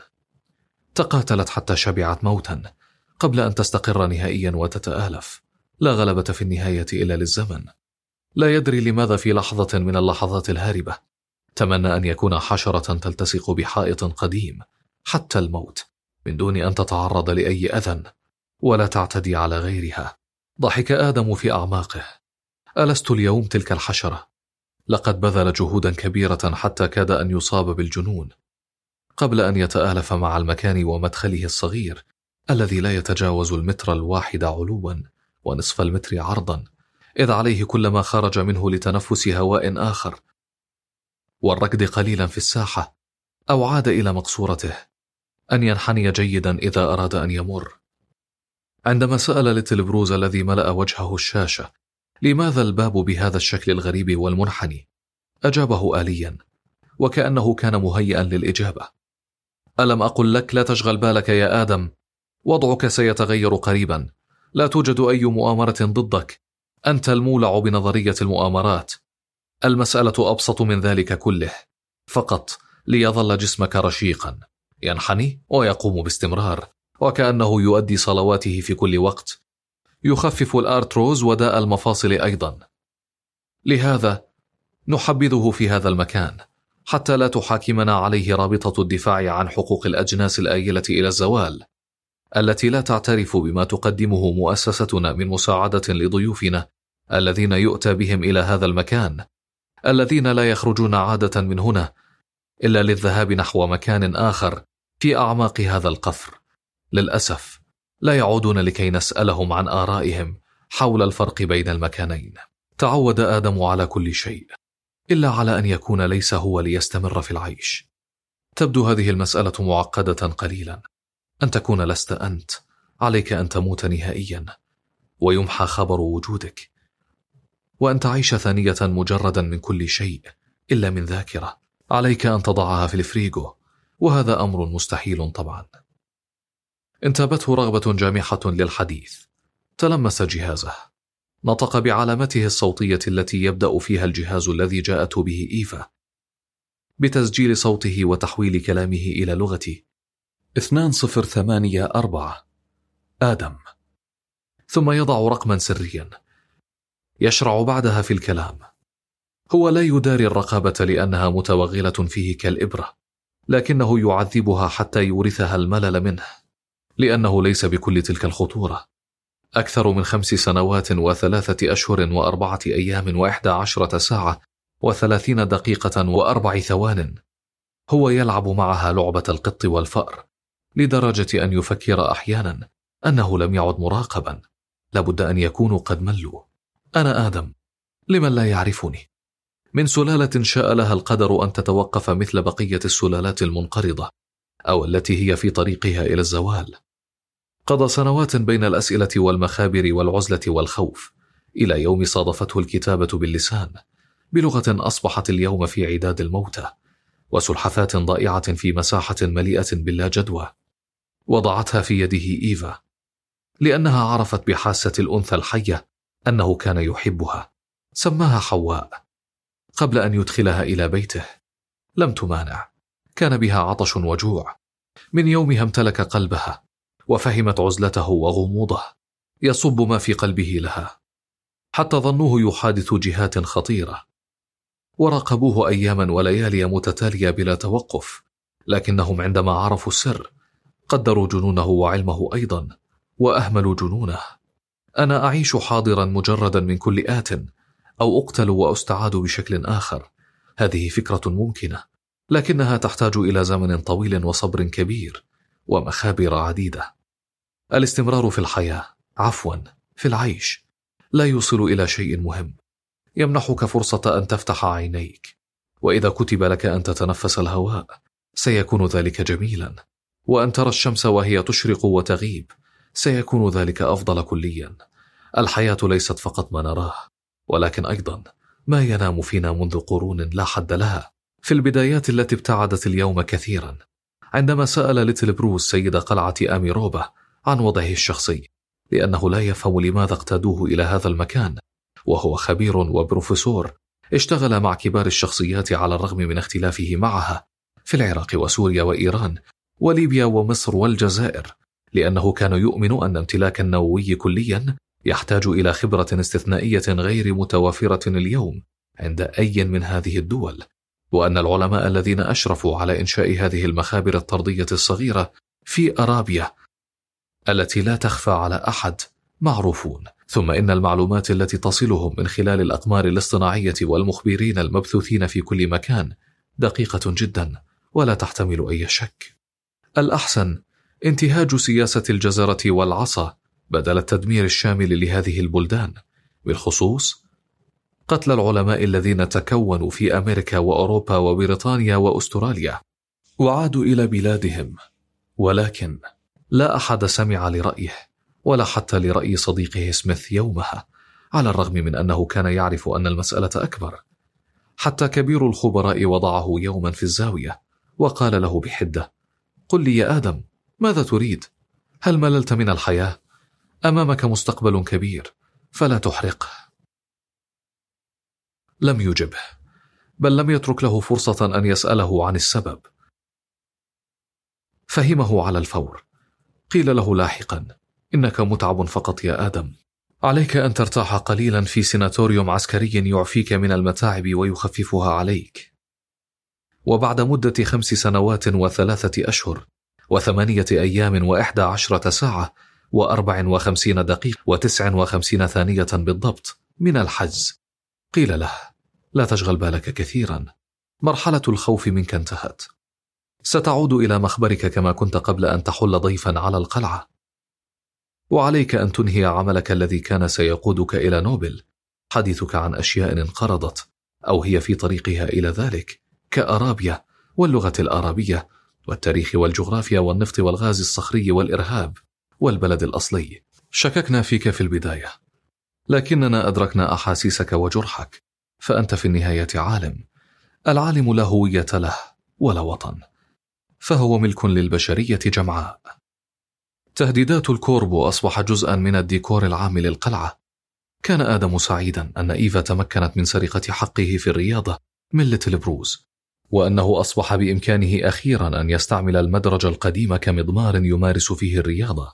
تقاتلت حتى شبعت موتا قبل أن تستقر نهائيا وتتآلف. لا غلبة في النهاية إلا للزمن. لا يدري لماذا في لحظة من اللحظات الهاربة تمنى أن يكون حشرة تلتصق بحائط قديم حتى الموت، من دون أن تتعرض لأي أذى ولا تعتدي على غيرها. ضحك آدم في أعماقه. ألست اليوم تلك الحشرة؟ لقد بذل جهودا كبيرة حتى كاد أن يصاب بالجنون، قبل أن يتآلف مع المكان ومدخله الصغير الذي لا يتجاوز المتر الواحد علوا ونصف المتر عرضا، إذ عليه كلما خرج منه لتنفس هواء آخر والركض قليلا في الساحة أو عاد إلى مقصورته أن ينحني جيدا إذا أراد أن يمر. عندما سأل ليتل بروز الذي ملأ وجهه الشاشة لماذا الباب بهذا الشكل الغريب والمنحني، أجابه آليا وكأنه كان مهيئا للإجابة: ألم أقل لك لا تشغل بالك يا آدم؟ وضعك سيتغير قريبا. لا توجد أي مؤامرة ضدك. أنت المولع بنظرية المؤامرات. المسألة أبسط من ذلك كله. فقط ليظل جسمك رشيقا، ينحني ويقوم باستمرار، وكأنه يؤدي صلواته في كل وقت. يخفف الأرتروز وداء المفاصل أيضا. لهذا نحبذه في هذا المكان حتى لا تحاكمنا عليه رابطة الدفاع عن حقوق الأجناس الآيلة إلى الزوال، التي لا تعترف بما تقدمه مؤسستنا من مساعدة لضيوفنا الذين يؤتى بهم إلى هذا المكان، الذين لا يخرجون عادة من هنا إلا للذهاب نحو مكان آخر في أعماق هذا القفر. للأسف لا يعودون لكي نسألهم عن آرائهم حول الفرق بين المكانين. تعود آدم على كل شيء إلا على أن يكون ليس هو ليستمر في العيش. تبدو هذه المسألة معقدة قليلا. أن تكون لست أنت، عليك أن تموت نهائيا ويمحى خبر وجودك، وأن تعيش ثانية مجردا من كل شيء إلا من ذاكرة. عليك أن تضعها في الفريغو، وهذا أمر مستحيل طبعا. انتابته رغبة جامحة للحديث. تلمس جهازه، نطق بعلامته الصوتية التي يبدأ فيها الجهاز الذي جاءت به إيفا بتسجيل صوته وتحويل كلامه إلى لغتي. اثنان صفر ثمانية أربعة. آدم. ثم يضع رقما سريا. يشرع بعدها في الكلام. هو لا يداري الرقابة لأنها متوغلة فيه كالإبرة، لكنه يعذبها حتى يورثها الملل منه، لأنه ليس بكل تلك الخطورة. أكثر من خمس سنوات وثلاثة أشهر وأربعة أيام وإحدى عشرة ساعة وثلاثين دقيقة وأربع ثوان هو يلعب معها لعبة القط والفأر، لدرجة أن يفكر أحيانا أنه لم يعد مراقبا. لابد أن يكونوا قد ملوا. أنا آدم، لمن لا يعرفني، من سلالة شاء لها القدر أن تتوقف مثل بقية السلالات المنقرضة أو التي هي في طريقها إلى الزوال. قضى سنوات بين الأسئلة والمخابر والعزلة والخوف، إلى يوم صادفته الكتابة باللسان بلغة أصبحت اليوم في عداد الموتى، وسلحفاة ضائعة في مساحة مليئة باللا جدوى. وضعتها في يده إيفا، لأنها عرفت بحاسة الأنثى الحية أنه كان يحبها. سماها حواء قبل أن يدخلها إلى بيته. لم تمانع، كان بها عطش وجوع. من يومها امتلك قلبها، وفهمت عزلته وغموضه يصب ما في قلبه لها، حتى ظنوه يحادث جهات خطيرة، وراقبوه أياما وليالي متتالية بلا توقف. لكنهم عندما عرفوا السر قدروا جنونه وعلمه أيضا، وأهملوا جنونه. أنا أعيش حاضرا مجردا من كل آت، أو أقتل وأستعاد بشكل آخر. هذه فكرة ممكنة، لكنها تحتاج إلى زمن طويل وصبر كبير ومخابر عديدة. الاستمرار في الحياة، عفوا في العيش، لا يوصل إلى شيء مهم. يمنحك فرصة أن تفتح عينيك، وإذا كتب لك أن تتنفس الهواء سيكون ذلك جميلا، وأن ترى الشمس وهي تشرق وتغيب سيكون ذلك أفضل كليا. الحياة ليست فقط ما نراه، ولكن أيضا ما ينام فينا منذ قرون لا حد لها. في البدايات التي ابتعدت اليوم كثيرا، عندما سأل ليتل بروس سيد قلعة آميروبا عن وضعه الشخصي، لأنه لا يفهم لماذا اقتادوه إلى هذا المكان، وهو خبير وبروفيسور اشتغل مع كبار الشخصيات على الرغم من اختلافه معها في العراق وسوريا وإيران وليبيا ومصر والجزائر، لأنه كان يؤمن أن امتلاك النووي كليا يحتاج إلى خبرة استثنائية غير متوافرة اليوم عند أي من هذه الدول، وأن العلماء الذين أشرفوا على إنشاء هذه المخابر الطردية الصغيرة في أرابيا التي لا تخفى على أحد معروفون. ثم إن المعلومات التي تصلهم من خلال الأقمار الاصطناعية والمخبرين المبثوثين في كل مكان دقيقة جدا ولا تحتمل أي شك. الأحسن انتهاج سياسة الجزرة والعصا بدل التدمير الشامل لهذه البلدان، بالخصوص قتل العلماء الذين تكونوا في أمريكا وأوروبا وبريطانيا وأستراليا وعادوا إلى بلادهم. ولكن لا أحد سمع لرأيه، ولا حتى لرأي صديقه سميث يومها، على الرغم من أنه كان يعرف أن المسألة أكبر. حتى كبير الخبراء وضعه يوما في الزاوية وقال له بحدة: قل لي يا آدم، ماذا تريد؟ هل مللت من الحياة؟ أمامك مستقبل كبير، فلا تحرقه. لم يجبه، بل لم يترك له فرصة أن يسأله عن السبب. فهمه على الفور. قيل له لاحقا: إنك متعب فقط يا آدم، عليك أن ترتاح قليلا في سيناتوريوم عسكري يعفيك من المتاعب ويخففها عليك. وبعد مدة خمس سنوات وثلاثة أشهر وثمانية أيام وإحدى عشرة ساعة وأربع وخمسين دقيقة وتسع وخمسين ثانية بالضبط من الحجز، قيل له: لا تشغل بالك كثيرا، مرحلة الخوف منك انتهت، ستعود إلى مخبرك كما كنت قبل أن تحل ضيفا على القلعة، وعليك أن تنهي عملك الذي كان سيقودك إلى نوبل. حديثك عن أشياء انقرضت أو هي في طريقها إلى ذلك، كأرابيا واللغة الآرابية والتاريخ والجغرافيا والنفط والغاز الصخري والإرهاب والبلد الأصلي. شككنا فيك في البداية، لكننا أدركنا أحاسيسك وجرحك، فأنت في النهاية عالم. العالم لا هوية له ولا وطن، فهو ملك للبشرية جمعاء. تهديدات الكوربو أصبح جزءا من الديكور العام للقلعة. كان آدم سعيدا أن إيفا تمكنت من سرقة حقه في الرياضة من ليتل بروز، وأنه أصبح بإمكانه أخيرا أن يستعمل المدرج القديم كمضمار يمارس فيه الرياضة.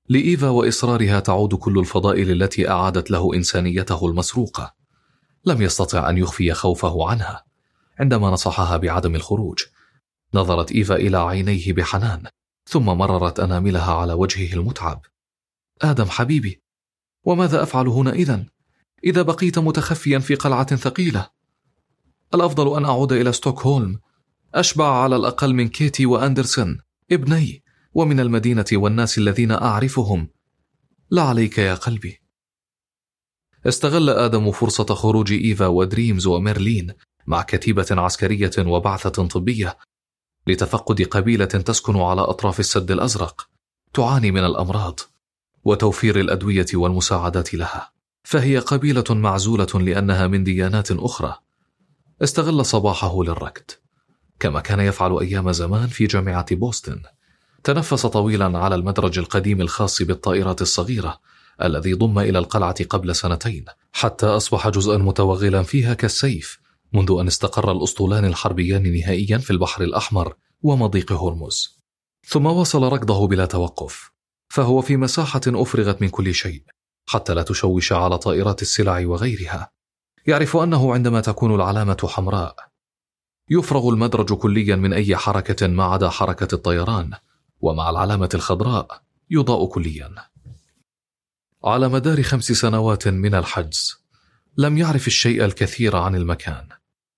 لإيفا وإصرارها تعود كل الفضائل التي أعادت له إنسانيته المسروقة. لم يستطع أن يخفي خوفه عنها. عندما نصحها بعدم الخروج، نظرت إيفا إلى عينيه بحنان، ثم مررت أناملها على وجهه المتعب. آدم حبيبي، وماذا أفعل هنا إذن؟ إذا بقيت متخفيا في قلعة ثقيلة؟ الأفضل أن أعود إلى ستوكهولم، أشبع على الأقل من كيتي وأندرسون ابني، ومن المدينة والناس الذين أعرفهم. لا عليك يا قلبي. استغل آدم فرصة خروج إيفا ودريمز وميرلين مع كتيبة عسكرية وبعثة طبية لتفقد قبيلة تسكن على أطراف السد الأزرق تعاني من الأمراض وتوفير الأدوية والمساعدات لها، فهي قبيلة معزولة لأنها من ديانات أخرى. استغل صباحه للركض كما كان يفعل أيام زمان في جامعة بوسطن. تنفس طويلا على المدرج القديم الخاص بالطائرات الصغيرة الذي ضم إلى القلعة قبل سنتين، حتى أصبح جزءا متوغلا فيها كالسيف منذ أن استقر الأسطولان الحربيان نهائيا في البحر الأحمر ومضيق هرمز. ثم واصل ركضه بلا توقف، فهو في مساحة أفرغت من كل شيء حتى لا تشوش على طائرات السلع وغيرها. يعرف أنه عندما تكون العلامة حمراء يفرغ المدرج كليا من أي حركة ما عدا حركة الطيران، ومع العلامة الخضراء يضاء كليا. على مدار خمس سنوات من الحجز لم يعرف الشيء الكثير عن المكان،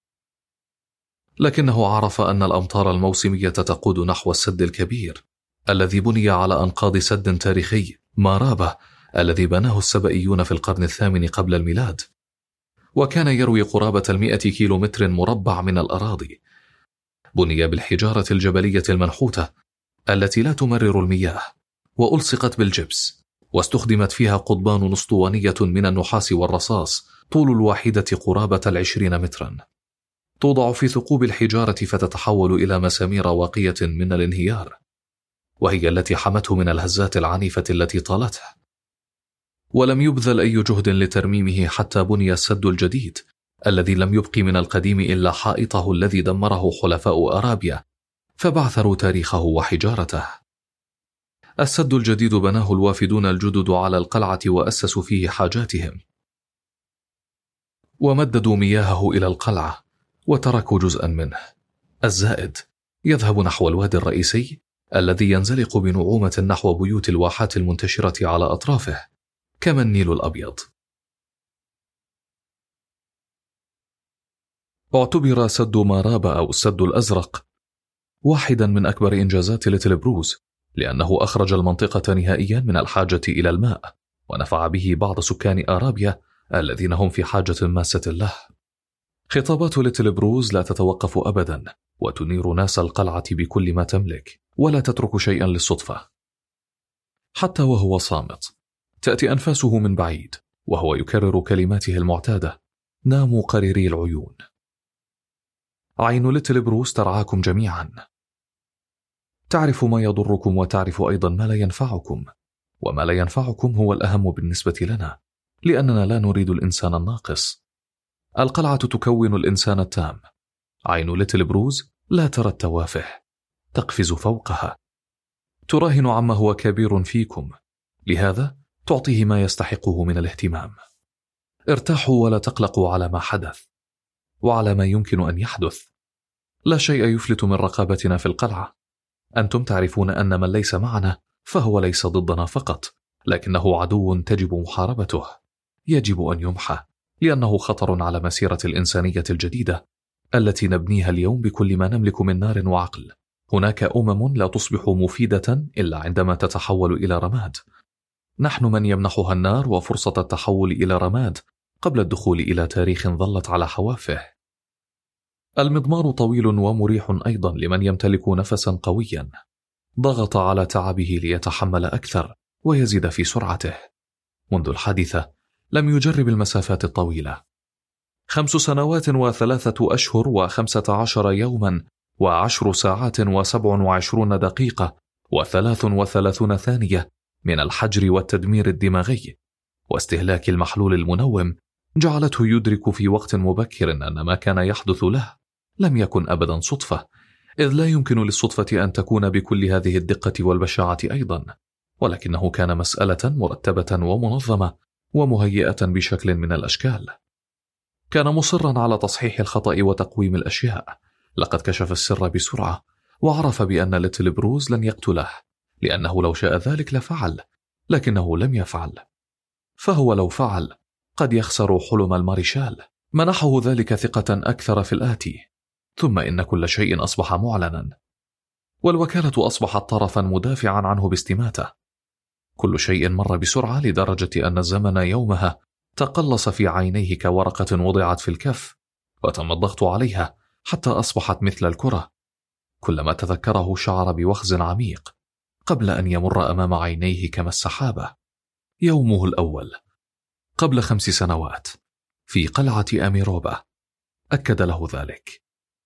لكنه عرف أن الأمطار الموسمية تقود نحو السد الكبير الذي بني على أنقاض سد تاريخي مارابة الذي بناه السبئيون في القرن الثامن قبل الميلاد، وكان يروي قرابة المئة كيلو متر مربع من الأراضي. بني بالحجارة الجبلية المنحوتة التي لا تمرر المياه، وألصقت بالجبس، واستخدمت فيها قضبان أسطوانية من النحاس والرصاص طول الواحدة قرابة العشرين مترا، توضع في ثقوب الحجارة فتتحول إلى مسامير واقية من الانهيار، وهي التي حمته من الهزات العنيفة التي طالته. ولم يبذل أي جهد لترميمه حتى بني السد الجديد الذي لم يبق من القديم إلا حائطه الذي دمره حلفاء أرابيا فبعثروا تاريخه وحجارته. السد الجديد بناه الوافدون الجدد على القلعة وأسسوا فيه حاجاتهم، ومددوا مياهه إلى القلعة وتركوا جزءا منه الزائد يذهب نحو الوادي الرئيسي الذي ينزلق بنعومة نحو بيوت الواحات المنتشرة على أطرافه كما النيل الأبيض. اعتبر سد مارابا أو السد الأزرق واحدا من أكبر إنجازات ليتل بروز، لأنه أخرج المنطقة نهائيا من الحاجة إلى الماء، ونفع به بعض سكان أرابيا الذين هم في حاجة ماسة له. خطابات ليتل بروز لا تتوقف أبدا، وتنير ناس القلعة بكل ما تملك، ولا تترك شيئا للصدفة. حتى وهو صامت تأتي أنفاسه من بعيد وهو يكرر كلماته المعتادة: ناموا قريري العيون. عين ليتل بروز ترعاكم جميعا، تعرف ما يضركم وتعرف أيضا ما لا ينفعكم، وما لا ينفعكم هو الأهم بالنسبة لنا، لأننا لا نريد الإنسان الناقص. القلعة تكون الإنسان التام. عين ليتل بروز لا ترى التوافه، تقفز فوقها، تراهن عما هو كبير فيكم، لهذا تعطيه ما يستحقه من الاهتمام. ارتاحوا ولا تقلقوا على ما حدث وعلى ما يمكن أن يحدث. لا شيء يفلت من رقابتنا في القلعة. أنتم تعرفون أن من ليس معنا فهو ليس ضدنا فقط، لكنه عدو تجب محاربته، يجب أن يمحى، لأنه خطر على مسيرة الإنسانية الجديدة التي نبنيها اليوم بكل ما نملك من نار وعقل. هناك أمم لا تصبح مفيدة إلا عندما تتحول إلى رماد. نحن من يمنحها النار وفرصة التحول إلى رماد قبل الدخول إلى تاريخ ظلت على حوافه. المضمار طويل ومريح أيضا لمن يمتلك نفسا قويا. ضغط على تعبه ليتحمل أكثر ويزيد في سرعته. منذ الحادثة لم يجرب المسافات الطويلة. خمس سنوات وثلاثة أشهر وخمسة عشر يوما وعشر ساعات وسبع وعشرون دقيقة وثلاث وثلاثون ثانية من الحجر والتدمير الدماغي واستهلاك المحلول المنوم جعلته يدرك في وقت مبكر أن ما كان يحدث له لم يكن أبدا صدفة، إذ لا يمكن للصدفة أن تكون بكل هذه الدقة والبشاعة أيضا. ولكنه كان مسألة مرتبة ومنظمة ومهيئة بشكل من الأشكال. كان مصرا على تصحيح الخطأ وتقويم الأشياء. لقد كشف السر بسرعة وعرف بأن ليتل بروز لن يقتله، لأنه لو شاء ذلك لفعل، لكنه لم يفعل. فهو لو فعل قد يخسر حلم الماريشال. منحه ذلك ثقة أكثر في الآتي. ثم إن كل شيء أصبح معلنا، والوكالة أصبحت طرفا مدافعا عنه باستماتة. كل شيء مر بسرعة لدرجة أن الزمن يومها تقلص في عينيه كورقة وضعت في الكف وتم الضغط عليها حتى أصبحت مثل الكرة. كلما تذكره شعر بوخز عميق قبل أن يمر أمام عينيه كما السحابة. يومه الأول قبل خمس سنوات في قلعة أميروبا أكد له ذلك.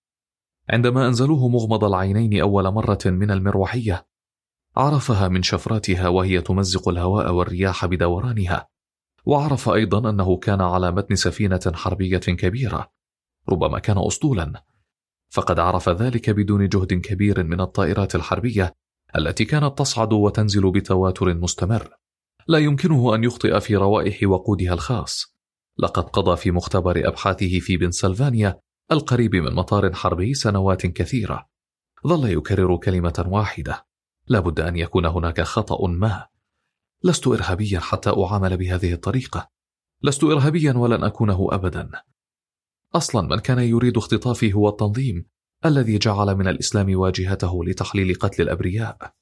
عندما أنزلوه مغمض العينين أول مرة من المروحية عرفها من شفراتها وهي تمزق الهواء والرياح بدورانها، وعرف أيضا أنه كان على متن سفينة حربية كبيرة، ربما كان أسطولا، فقد عرف ذلك بدون جهد كبير من الطائرات الحربية التي كانت تصعد وتنزل بتواتر مستمر. لا يمكنه أن يخطئ في روائح وقودها الخاص. لقد قضى في مختبر أبحاثه في بنسلفانيا القريب من مطار حربي سنوات كثيرة. ظل يكرر كلمة واحدة: لا بد أن يكون هناك خطأ ما. لست إرهابيا حتى أعامل بهذه الطريقة. لست إرهابيا ولن أكونه أبدا. أصلا من كان يريد اختطافي هو التنظيم الذي جعل من الإسلام واجهته لتحليل قتل الأبرياء.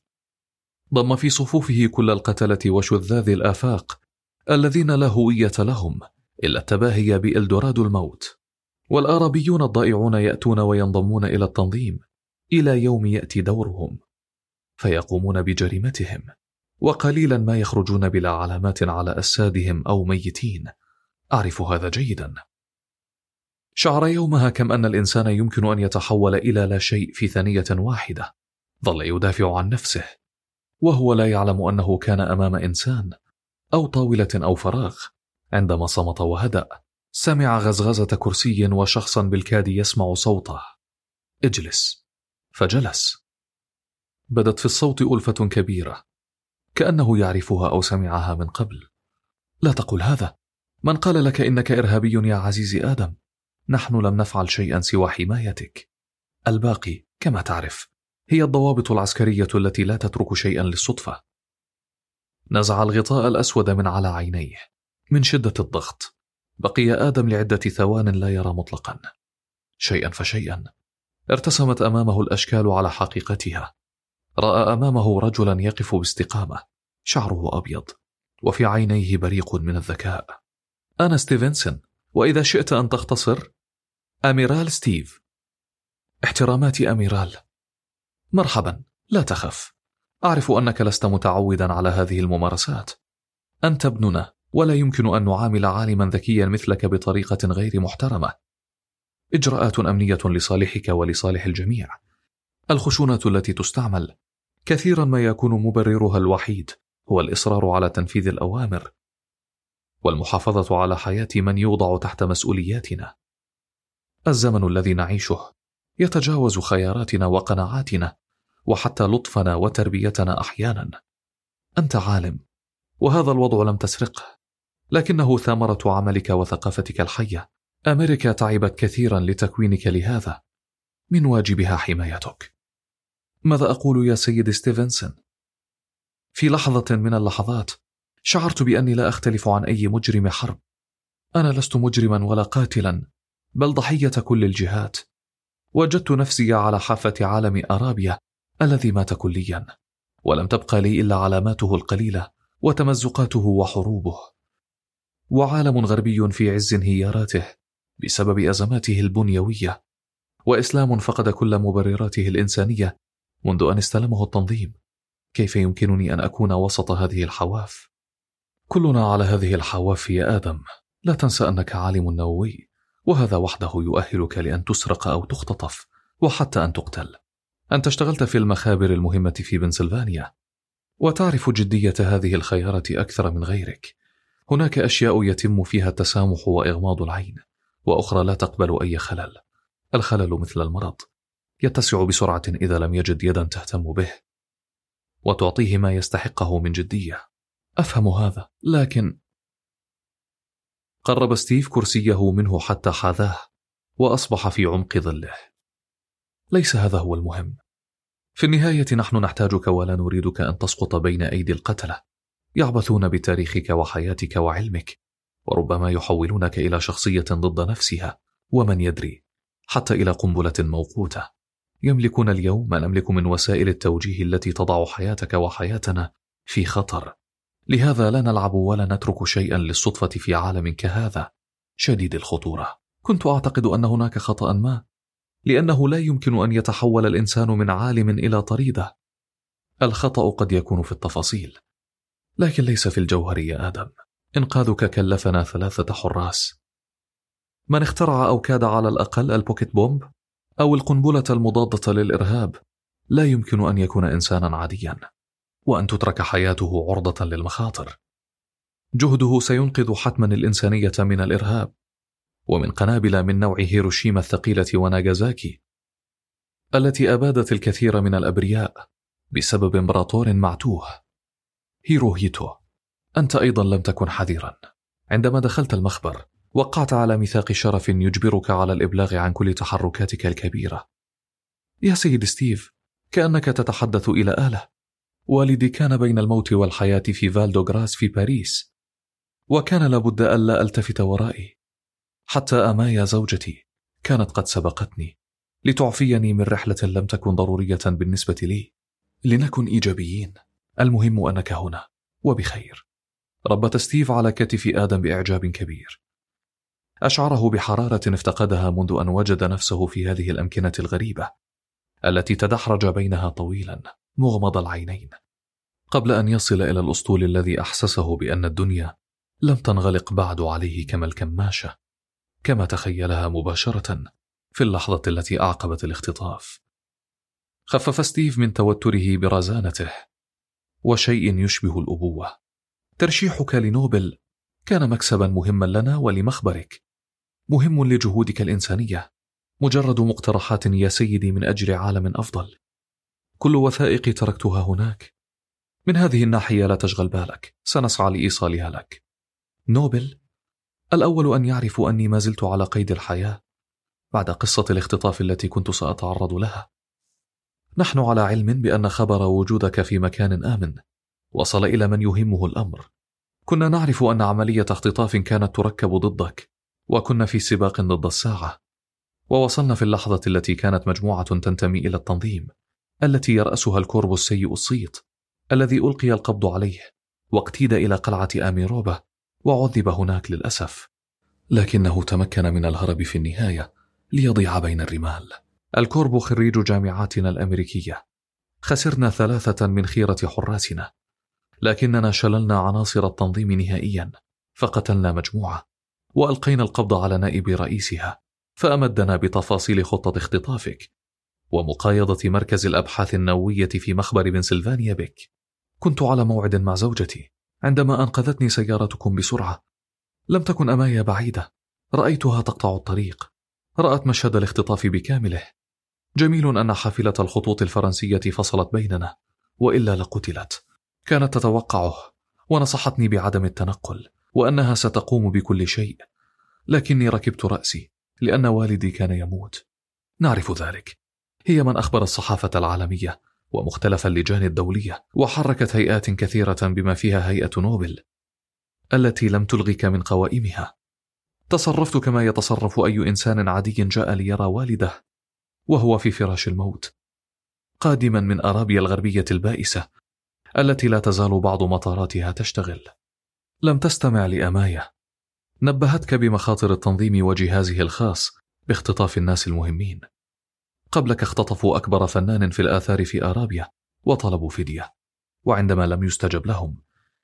ضم في صفوفه كل القتلة وشذاذ الآفاق الذين لا هوية لهم إلا التباهي بإلدورادو الموت. والآرابيون الضائعون يأتون وينضمون إلى التنظيم إلى يوم يأتي دورهم فيقومون بجريمتهم، وقليلا ما يخرجون بلا علامات على أجسادهم أو ميتين. أعرف هذا جيدا. شعر يومها كم أن الإنسان يمكن أن يتحول إلى لا شيء في ثانية واحدة. ظل يدافع عن نفسه وهو لا يعلم أنه كان أمام إنسان أو طاولة أو فراغ. عندما صمت وهدأ سمع غزغزة كرسي وشخصا بالكاد يسمع صوته: اجلس. فجلس. بدت في الصوت ألفة كبيرة كأنه يعرفها أو سمعها من قبل. لا تقل هذا. من قال لك إنك إرهابي يا عزيزي آدم؟ نحن لم نفعل شيئا سوى حمايتك. الباقي كما تعرف هي الضوابط العسكرية التي لا تترك شيئا للصدفة. نزع الغطاء الأسود من على عينيه من شدة الضغط. بقي آدم لعدة ثوان لا يرى مطلقا. شيئا فشيئا ارتسمت أمامه الأشكال على حقيقتها. رأى أمامه رجلا يقف باستقامة، شعره أبيض وفي عينيه بريق من الذكاء. أنا ستيفنسون، وإذا شئت أن تختصر أميرال ستيف. احتراماتي أميرال. مرحبا، لا تخف. أعرف أنك لست متعودا على هذه الممارسات. أنت ابننا ولا يمكن أن نعامل عالما ذكيا مثلك بطريقة غير محترمة. إجراءات أمنية لصالحك ولصالح الجميع. الخشونة التي تستعمل كثيرا ما يكون مبررها الوحيد هو الإصرار على تنفيذ الأوامر والمحافظة على حياة من يوضع تحت مسؤولياتنا. الزمن الذي نعيشه يتجاوز خياراتنا وقناعاتنا وحتى لطفنا وتربيتنا أحيانا. أنت عالم وهذا الوضع لم تسرقه، لكنه ثمرة عملك وثقافتك الحية. أمريكا تعبت كثيرا لتكوينك لهذا. من واجبها حمايتك. ماذا أقول يا سيد ستيفنسون؟ في لحظة من اللحظات شعرت بأني لا أختلف عن أي مجرم حرب. أنا لست مجرما ولا قاتلا، بل ضحية كل الجهات. وجدت نفسي على حافة عالم أرابيا الذي مات كليا، ولم تبقى لي إلا علاماته القليلة وتمزقاته وحروبه. وعالم غربي في عز انهياراته بسبب أزماته البنيوية، وإسلام فقد كل مبرراته الإنسانية منذ أن استلمه التنظيم. كيف يمكنني أن أكون وسط هذه الحواف؟ كلنا على هذه الحواف يا آدم. لا تنسى أنك عالم نووي، وهذا وحده يؤهلك لأن تسرق أو تختطف وحتى أن تقتل. أنت اشتغلت في المخابر المهمة في بنسلفانيا وتعرف جدية هذه الخيارة أكثر من غيرك. هناك أشياء يتم فيها التسامح وإغماض العين، وأخرى لا تقبل أي خلل. الخلل مثل المرض، يتسع بسرعة إذا لم يجد يدا تهتم به. وتعطيه ما يستحقه من جدية. أفهم هذا، لكن قرب ستيف كرسيه منه حتى حاذاه وأصبح في عمق ظله. ليس هذا هو المهم. في النهاية نحن نحتاجك ولا نريدك أن تسقط بين أيدي القتلة يعبثون بتاريخك وحياتك وعلمك، وربما يحولونك إلى شخصية ضد نفسها، ومن يدري حتى إلى قنبلة موقوتة. يملكون اليوم ما نملك من وسائل التوجيه التي تضع حياتك وحياتنا في خطر. لهذا لا نلعب ولا نترك شيئا للصدفة في عالم كهذا شديد الخطورة. كنت أعتقد أن هناك خطأ ما، لأنه لا يمكن أن يتحول الإنسان من عالم إلى طريدة. الخطأ قد يكون في التفاصيل، لكن ليس في الجوهر يا آدم. إنقاذك كلفنا ثلاثة حراس. من اخترع أو كاد على الأقل البوكيت بومب أو القنبلة المضادة للإرهاب لا يمكن أن يكون إنسانا عاديا، وأن تترك حياته عرضة للمخاطر. جهده سينقذ حتما الإنسانية من الإرهاب ومن قنابل من نوع هيروشيما الثقيلة وناغازاكي التي أبادت الكثير من الأبرياء بسبب إمبراطور معتوه. هيروهيتو، أنت أيضا لم تكن حذرا. عندما دخلت المخبر وقعت على ميثاق شرف يجبرك على الإبلاغ عن كل تحركاتك الكبيرة. يا سيد ستيف، كأنك تتحدث إلى آلة. والدي كان بين الموت والحياة في فالدوغراس في باريس، وكان لابد ألا ألتفت ورائي. حتى أمايا زوجتي كانت قد سبقتني لتعفيني من رحلة لم تكن ضرورية بالنسبة لي. لنكن إيجابيين، المهم أنك هنا وبخير. ربت ستيف على كتف آدم بإعجاب كبير، أشعره بحرارة افتقدها منذ أن وجد نفسه في هذه الأمكنة الغريبة التي تدحرج بينها طويلا مغمض العينين قبل أن يصل إلى الأسطول الذي أحسسه بأن الدنيا لم تنغلق بعد عليه كما الكماشة، كما تخيلها مباشرة في اللحظة التي أعقبت الاختطاف. خفف ستيف من توتره برزانته وشيء يشبه الأبوة. ترشيحك لنوبل كان مكسبا مهما لنا ولمخبرك، مهم لجهودك الإنسانية، مجرد مقترحات يا سيدي من أجل عالم أفضل. كل وثائقي تركتها هناك. من هذه الناحية لا تشغل بالك، سنسعى لإيصالها لك. نوبل، الأول أن يعرفوا أني ما زلت على قيد الحياة بعد قصة الاختطاف التي كنت سأتعرض لها. نحن على علم بأن خبر وجودك في مكان آمن وصل إلى من يهمه الأمر. كنا نعرف أن عملية اختطاف كانت تركب ضدك، وكنا في سباق ضد الساعة، ووصلنا في اللحظة التي كانت مجموعة تنتمي إلى التنظيم التي يرأسها الكوربو السيء الصيت الذي ألقي القبض عليه واقتيد إلى قلعة آميروبا وعذب هناك للأسف، لكنه تمكن من الهرب في النهاية ليضيع بين الرمال. الكوربو خريج جامعاتنا الأمريكية. خسرنا ثلاثة من خيرة حراسنا، لكننا شللنا عناصر التنظيم نهائيا، فقتلنا مجموعة وألقينا القبض على نائب رئيسها، فأمدنا بتفاصيل خطة اختطافك ومقايضة مركز الأبحاث النووية في مخبر بنسلفانيا بك. كنت على موعد مع زوجتي عندما أنقذتني سيارتكم بسرعة. لم تكن أمايا بعيدة، رأيتها تقطع الطريق، رأت مشهد الاختطاف بكامله. جميل أن حافلة الخطوط الفرنسية فصلت بيننا، وإلا لقتلت. كانت تتوقعه ونصحتني بعدم التنقل وأنها ستقوم بكل شيء، لكني ركبت رأسي لأن والدي كان يموت. نعرف ذلك. هي من أخبر الصحافة العالمية ومختلف اللجان الدولية، وحركت هيئات كثيرة بما فيها هيئة نوبل التي لم تلغك من قوائمها. تصرفت كما يتصرف أي إنسان عادي جاء ليرى والده وهو في فراش الموت، قادما من أرابيا الغربية البائسة التي لا تزال بعض مطاراتها تشتغل. لم تستمع لأمايا، نبهتك بمخاطر التنظيم وجهازه الخاص باختطاف الناس المهمين. قبلك اختطفوا أكبر فنان في الآثار في أرابيا وطلبوا فدية، وعندما لم يستجب لهم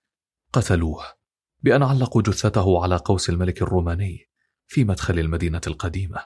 قتلوه بأن علقوا جثته على قوس الملك الروماني في مدخل المدينة القديمة.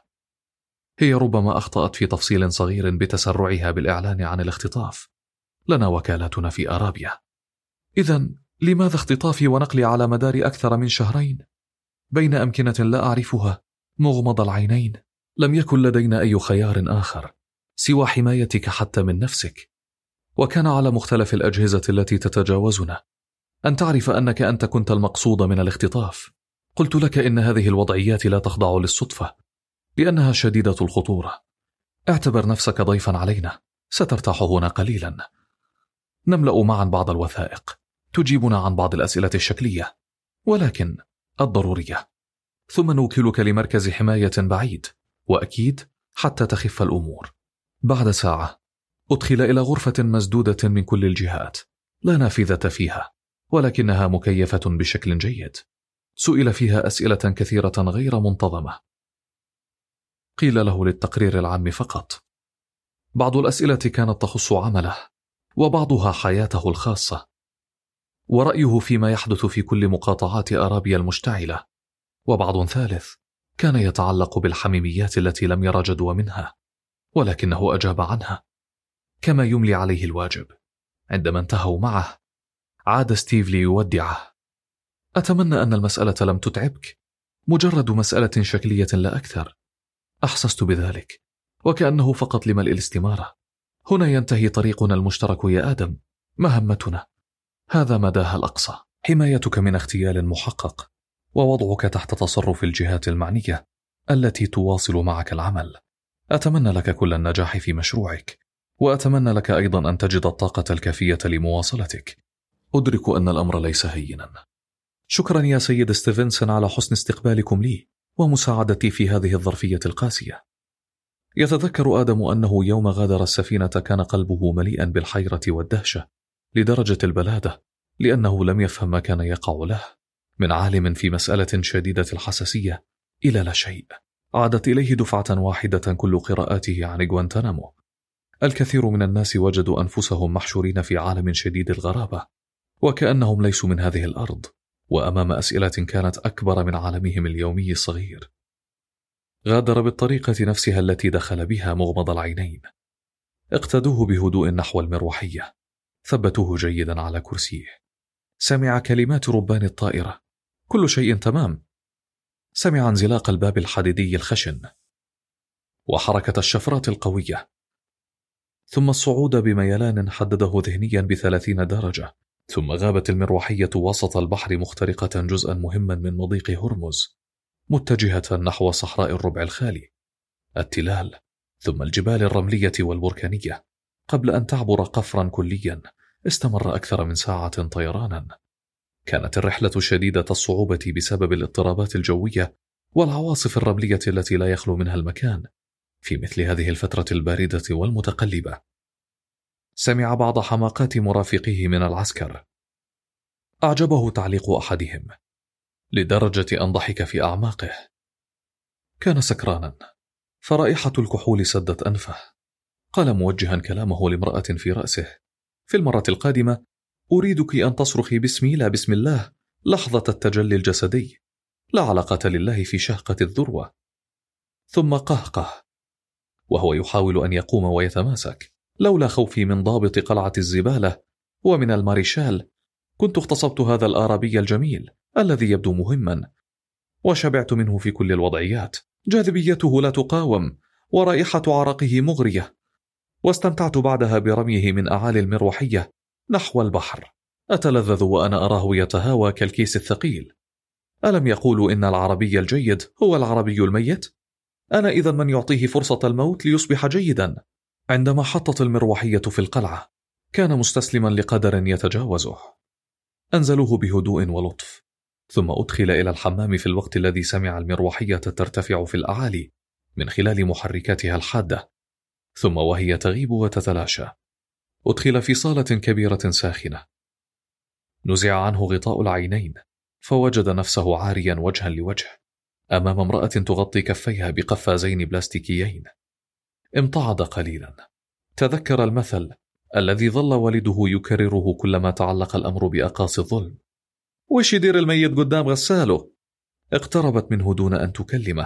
هي ربما أخطأت في تفصيل صغير بتسرعها بالإعلان عن الاختطاف. لنا وكالاتنا في أرابيا. إذن لماذا اختطافي ونقلي على مدار أكثر من شهرين بين أمكنة لا أعرفها مغمض العينين؟ لم يكن لدينا أي خيار آخر سوى حمايتك حتى من نفسك. وكان على مختلف الأجهزة التي تتجاوزنا أن تعرف أنك أنت كنت المقصود من الاختطاف. قلت لك إن هذه الوضعيات لا تخضع للصدفة لأنها شديدة الخطورة. اعتبر نفسك ضيفا علينا، سترتاح هنا قليلا. نملأ معا بعض الوثائق تجيبنا عن بعض الأسئلة الشكلية ولكن الضرورية، ثم نوكلك لمركز حماية بعيد وأكيد حتى تخف الأمور. بعد ساعة أدخل إلى غرفة مسدودة من كل الجهات، لا نافذة فيها ولكنها مكيفة بشكل جيد. سئل فيها أسئلة كثيرة غير منتظمة، قيل له للتقرير العام فقط. بعض الأسئلة كانت تخص عمله وبعضها حياته الخاصة ورأيه فيما يحدث في كل مقاطعات أرابيا المشتعلة، وبعض ثالث كان يتعلق بالحميميات التي لم ير جدوى منها ولكنه أجاب عنها كما يملي عليه الواجب. عندما انتهوا معه عاد ستيف ليودعه. أتمنى أن المسألة لم تتعبك، مجرد مسألة شكلية لا أكثر. أحسست بذلك وكأنه فقط لملء الاستمارة. هنا ينتهي طريقنا المشترك يا آدم. مهمتنا هذا مداها الأقصى، حمايتك من اغتيال محقق ووضعك تحت تصرف الجهات المعنية التي تواصل معك العمل. أتمنى لك كل النجاح في مشروعك، وأتمنى لك أيضا أن تجد الطاقة الكافية لمواصلتك. أدرك أن الأمر ليس هينا. شكرا يا سيد ستيفنسون على حسن استقبالكم لي ومساعدتي في هذه الظرفية القاسية. يتذكر آدم أنه يوم غادر السفينة كان قلبه مليئا بالحيرة والدهشة لدرجة البلادة، لأنه لم يفهم ما كان يقع له، من عالم في مسألة شديدة الحساسية إلى لا شيء. عادت إليه دفعة واحدة كل قراءاته عن غوانتنامو. الكثير من الناس وجدوا أنفسهم محشورين في عالم شديد الغرابة وكأنهم ليسوا من هذه الأرض، وأمام أسئلة كانت أكبر من عالمهم اليومي الصغير. غادر بالطريقة نفسها التي دخل بها مغمض العينين. اقتدوه بهدوء نحو المروحية، ثبتوه جيدا على كرسيه. سمع كلمات ربان الطائرة. كل شيء تمام. سمع انزلاق الباب الحديدي الخشن وحركة الشفرات القوية، ثم الصعود بميلان حدده ذهنيا بثلاثين درجة، ثم غابت المروحية وسط البحر مخترقة جزءا مهما من مضيق هرمز، متجهة نحو صحراء الربع الخالي، التلال، ثم الجبال الرملية والبركانية، قبل أن تعبر قفرا كليا استمر أكثر من ساعة طيرانا. كانت الرحلة شديدة الصعوبة بسبب الاضطرابات الجوية والعواصف الرملية التي لا يخلو منها المكان في مثل هذه الفترة الباردة والمتقلبة. سمع بعض حماقات مرافقيه من العسكر. أعجبه تعليق أحدهم لدرجة أن ضحك في أعماقه. كان سكرانا، فرائحة الكحول سدت أنفه. قال موجها كلامه لامرأة في رأسه: في المرة القادمة أريدك أن تصرخي باسمي لا بسم الله لحظة التجلي الجسدي، لا علاقة لله في شهقة الذروة. ثم قهقه وهو يحاول أن يقوم ويتماسك. لولا خوفي من ضابط قلعة الزبالة ومن الماريشال كنت اغتصبت هذا الآرابي الجميل الذي يبدو مهما، وشبعت منه في كل الوضعيات. جاذبيته لا تقاوم ورائحة عرقه مغرية، واستمتعت بعدها برميه من أعالي المروحية نحو البحر. أتلذذ وأنا أراه يتهاوى كالكيس الثقيل. ألم يقولوا إن العربي الجيد هو العربي الميت؟ أنا إذن من يعطيه فرصة الموت ليصبح جيدا. عندما حطت المروحية في القلعة كان مستسلما لقدر يتجاوزه. أنزلوه بهدوء ولطف، ثم أدخل إلى الحمام في الوقت الذي سمع المروحية ترتفع في الأعالي من خلال محركاتها الحادة، ثم وهي تغيب وتتلاشى أدخل في صالة كبيرة ساخنة. نزع عنه غطاء العينين فوجد نفسه عاريا وجها لوجه أمام امرأة تغطي كفيها بقفازين بلاستيكيين. امتعض قليلا. تذكر المثل الذي ظل والده يكرره كلما تعلق الأمر بأقاصي الظلم: وش يدير الميت قدام غساله؟ اقتربت منه دون أن تكلمه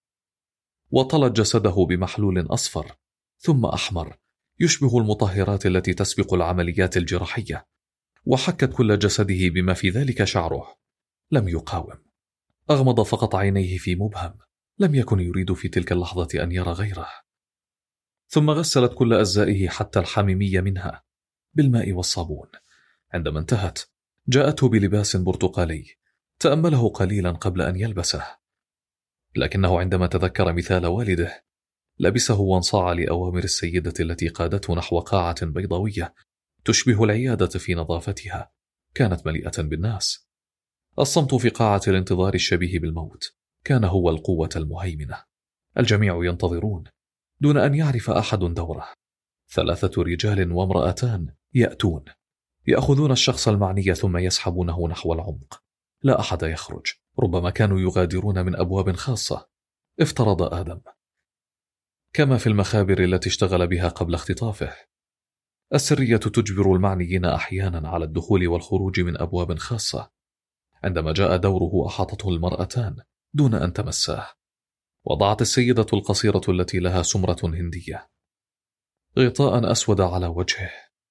وطلت جسده بمحلول أصفر ثم أحمر يشبه المطهرات التي تسبق العمليات الجراحية، وحكت كل جسده بما في ذلك شعره. لم يقاوم، أغمض فقط عينيه في مبهم. لم يكن يريد في تلك اللحظة أن يرى غيره. ثم غسلت كل أجزائه حتى الحميمية منها، بالماء والصابون. عندما انتهت جاءته بلباس برتقالي تأمله قليلا قبل أن يلبسه، لكنه عندما تذكر مثال والده لبسه وانصاع لأوامر السيدة التي قادته نحو قاعة بيضاوية تشبه العيادة في نظافتها، كانت مليئة بالناس. الصمت في قاعة الانتظار الشبيه بالموت كان هو القوة المهيمنة. الجميع ينتظرون دون أن يعرف أحد دوره. ثلاثة رجال وامرأتان يأتون يأخذون الشخص المعني ثم يسحبونه نحو العمق. لا أحد يخرج، ربما كانوا يغادرون من أبواب خاصة، افترض آدم، كما في المخابر التي اشتغل بها قبل اختطافه. السرية تجبر المعنيين أحيانا على الدخول والخروج من أبواب خاصة. عندما جاء دوره أحاطته المرأتان دون أن تمساه. وضعت السيدة القصيرة التي لها سمرة هندية غطاء أسود على وجهه.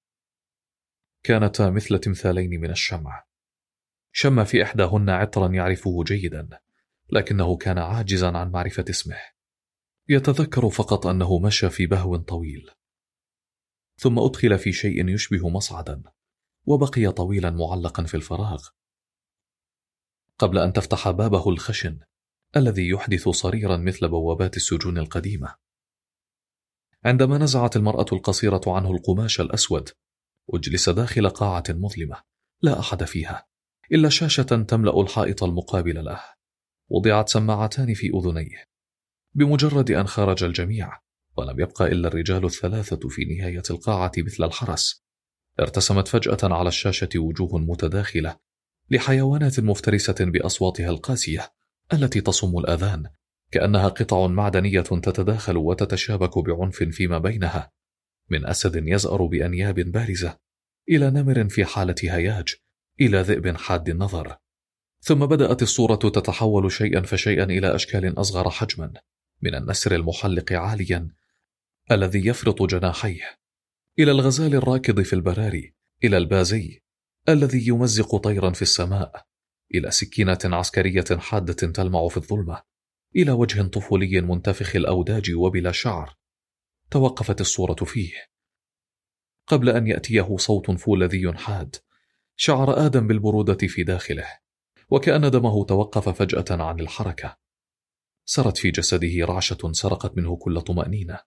كانتا مثل تمثالين من الشمع. شم في إحداهن عطرا يعرفه جيدا، لكنه كان عاجزا عن معرفة اسمه. يتذكر فقط أنه مشى في بهو طويل، ثم أدخل في شيء يشبه مصعدا وبقي طويلا معلقا في الفراغ قبل أن تفتح بابه الخشن الذي يحدث صريرا مثل بوابات السجون القديمة. عندما نزعت المرأة القصيرة عنه القماش الأسود أجلس داخل قاعة مظلمة لا أحد فيها إلا شاشة تملأ الحائط المقابل له. وضعت سماعتان في أذنيه. بمجرد أن خرج الجميع ولم يبقى إلا الرجال الثلاثة في نهاية القاعة مثل الحرس، ارتسمت فجأة على الشاشة وجوه متداخلة لحيوانات مفترسة بأصواتها القاسية التي تصم الأذان، كأنها قطع معدنية تتداخل وتتشابك بعنف فيما بينها، من أسد يزأر بأنياب بارزة إلى نمر في حالة هياج إلى ذئب حاد النظر. ثم بدأت الصورة تتحول شيئا فشيئا إلى أشكال أصغر حجما، من النسر المحلق عاليا الذي يفرط جناحيه إلى الغزال الراكض في البراري، إلى البازي الذي يمزق طيرا في السماء، إلى سكينة عسكرية حادة تلمع في الظلمة، إلى وجه طفولي منتفخ الأوداج وبلا شعر. توقفت الصورة فيه قبل أن يأتيه صوت فولاذي حاد. شعر آدم بالبرودة في داخله، وكأن دمه توقف فجأة عن الحركة. سرت في جسده رعشة سرقت منه كل طمأنينة.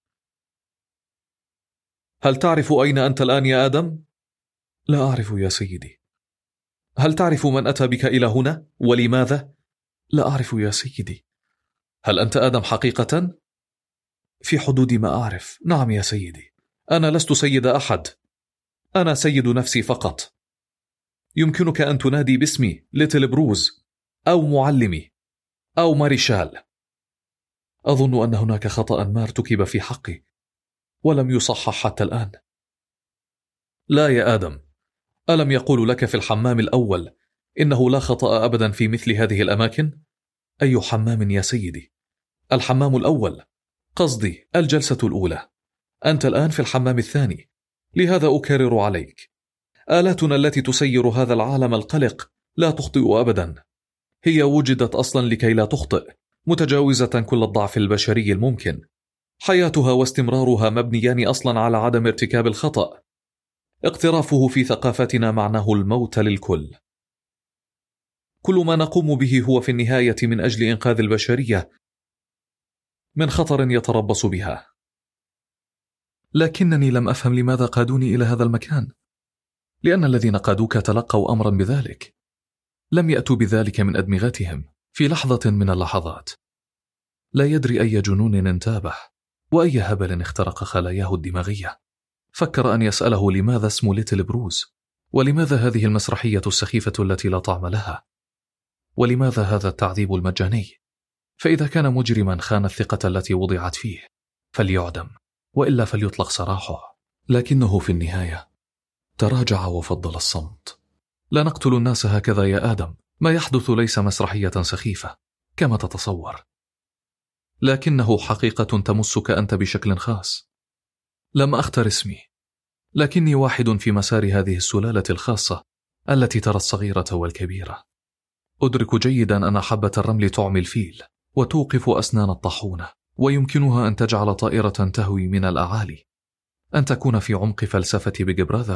هل تعرف أين أنت الآن يا آدم؟ لا أعرف يا سيدي. هل تعرف من أتى بك إلى هنا ولماذا؟ لا أعرف يا سيدي. هل أنت آدم حقيقة؟ في حدود ما أعرف، نعم يا سيدي. أنا لست سيد أحد، أنا سيد نفسي فقط. يمكنك أن تنادي باسمي ليتل بروز أو معلمي أو ماريشال. أظن أن هناك خطأ ما ارتكب في حقي ولم يصحح حتى الآن. لا يا آدم، ألم يقول لك في الحمام الأول إنه لا خطأ أبدا في مثل هذه الأماكن؟ أي حمام يا سيدي؟ الحمام الأول، قصدي الجلسة الأولى. أنت الآن في الحمام الثاني، لهذا أكرر عليك، آلاتنا التي تسير هذا العالم القلق لا تخطئ أبدا. هي وجدت أصلا لكي لا تخطئ، متجاوزة كل الضعف البشري الممكن. حياتها واستمرارها مبنيان أصلا على عدم ارتكاب الخطأ. اقترافه في ثقافتنا معناه الموت للكل. كل ما نقوم به هو في النهاية من أجل إنقاذ البشرية من خطر يتربص بها. لكنني لم أفهم لماذا قادوني إلى هذا المكان، لأن الذين قادوك تلقوا أمرا بذلك، لم يأتوا بذلك من أدمغتهم في لحظة من اللحظات. لا يدري أي جنون انتابه وأي هبل اخترق خلاياه الدماغية. فكر أن يسأله لماذا اسم ليتل بروز، ولماذا هذه المسرحية السخيفة التي لا طعم لها، ولماذا هذا التعذيب المجاني. فإذا كان مجرما خان الثقة التي وضعت فيه فليعدم، وإلا فليطلق سراحه. لكنه في النهاية تراجع وفضل الصمت. لا نقتل الناس هكذا يا آدم، ما يحدث ليس مسرحية سخيفة كما تتصور، لكنه حقيقة تمسك أنت بشكل خاص. لم أختر اسمي، لكني واحد في مسار هذه السلالة الخاصة التي ترى الصغيرة والكبيرة. أدرك جيدا أن حبة الرمل تعمي الفيل وتوقف أسنان الطاحونة، ويمكنها أن تجعل طائرة تهوي من الأعالي، أن تكون في عمق فلسفة بيج براذر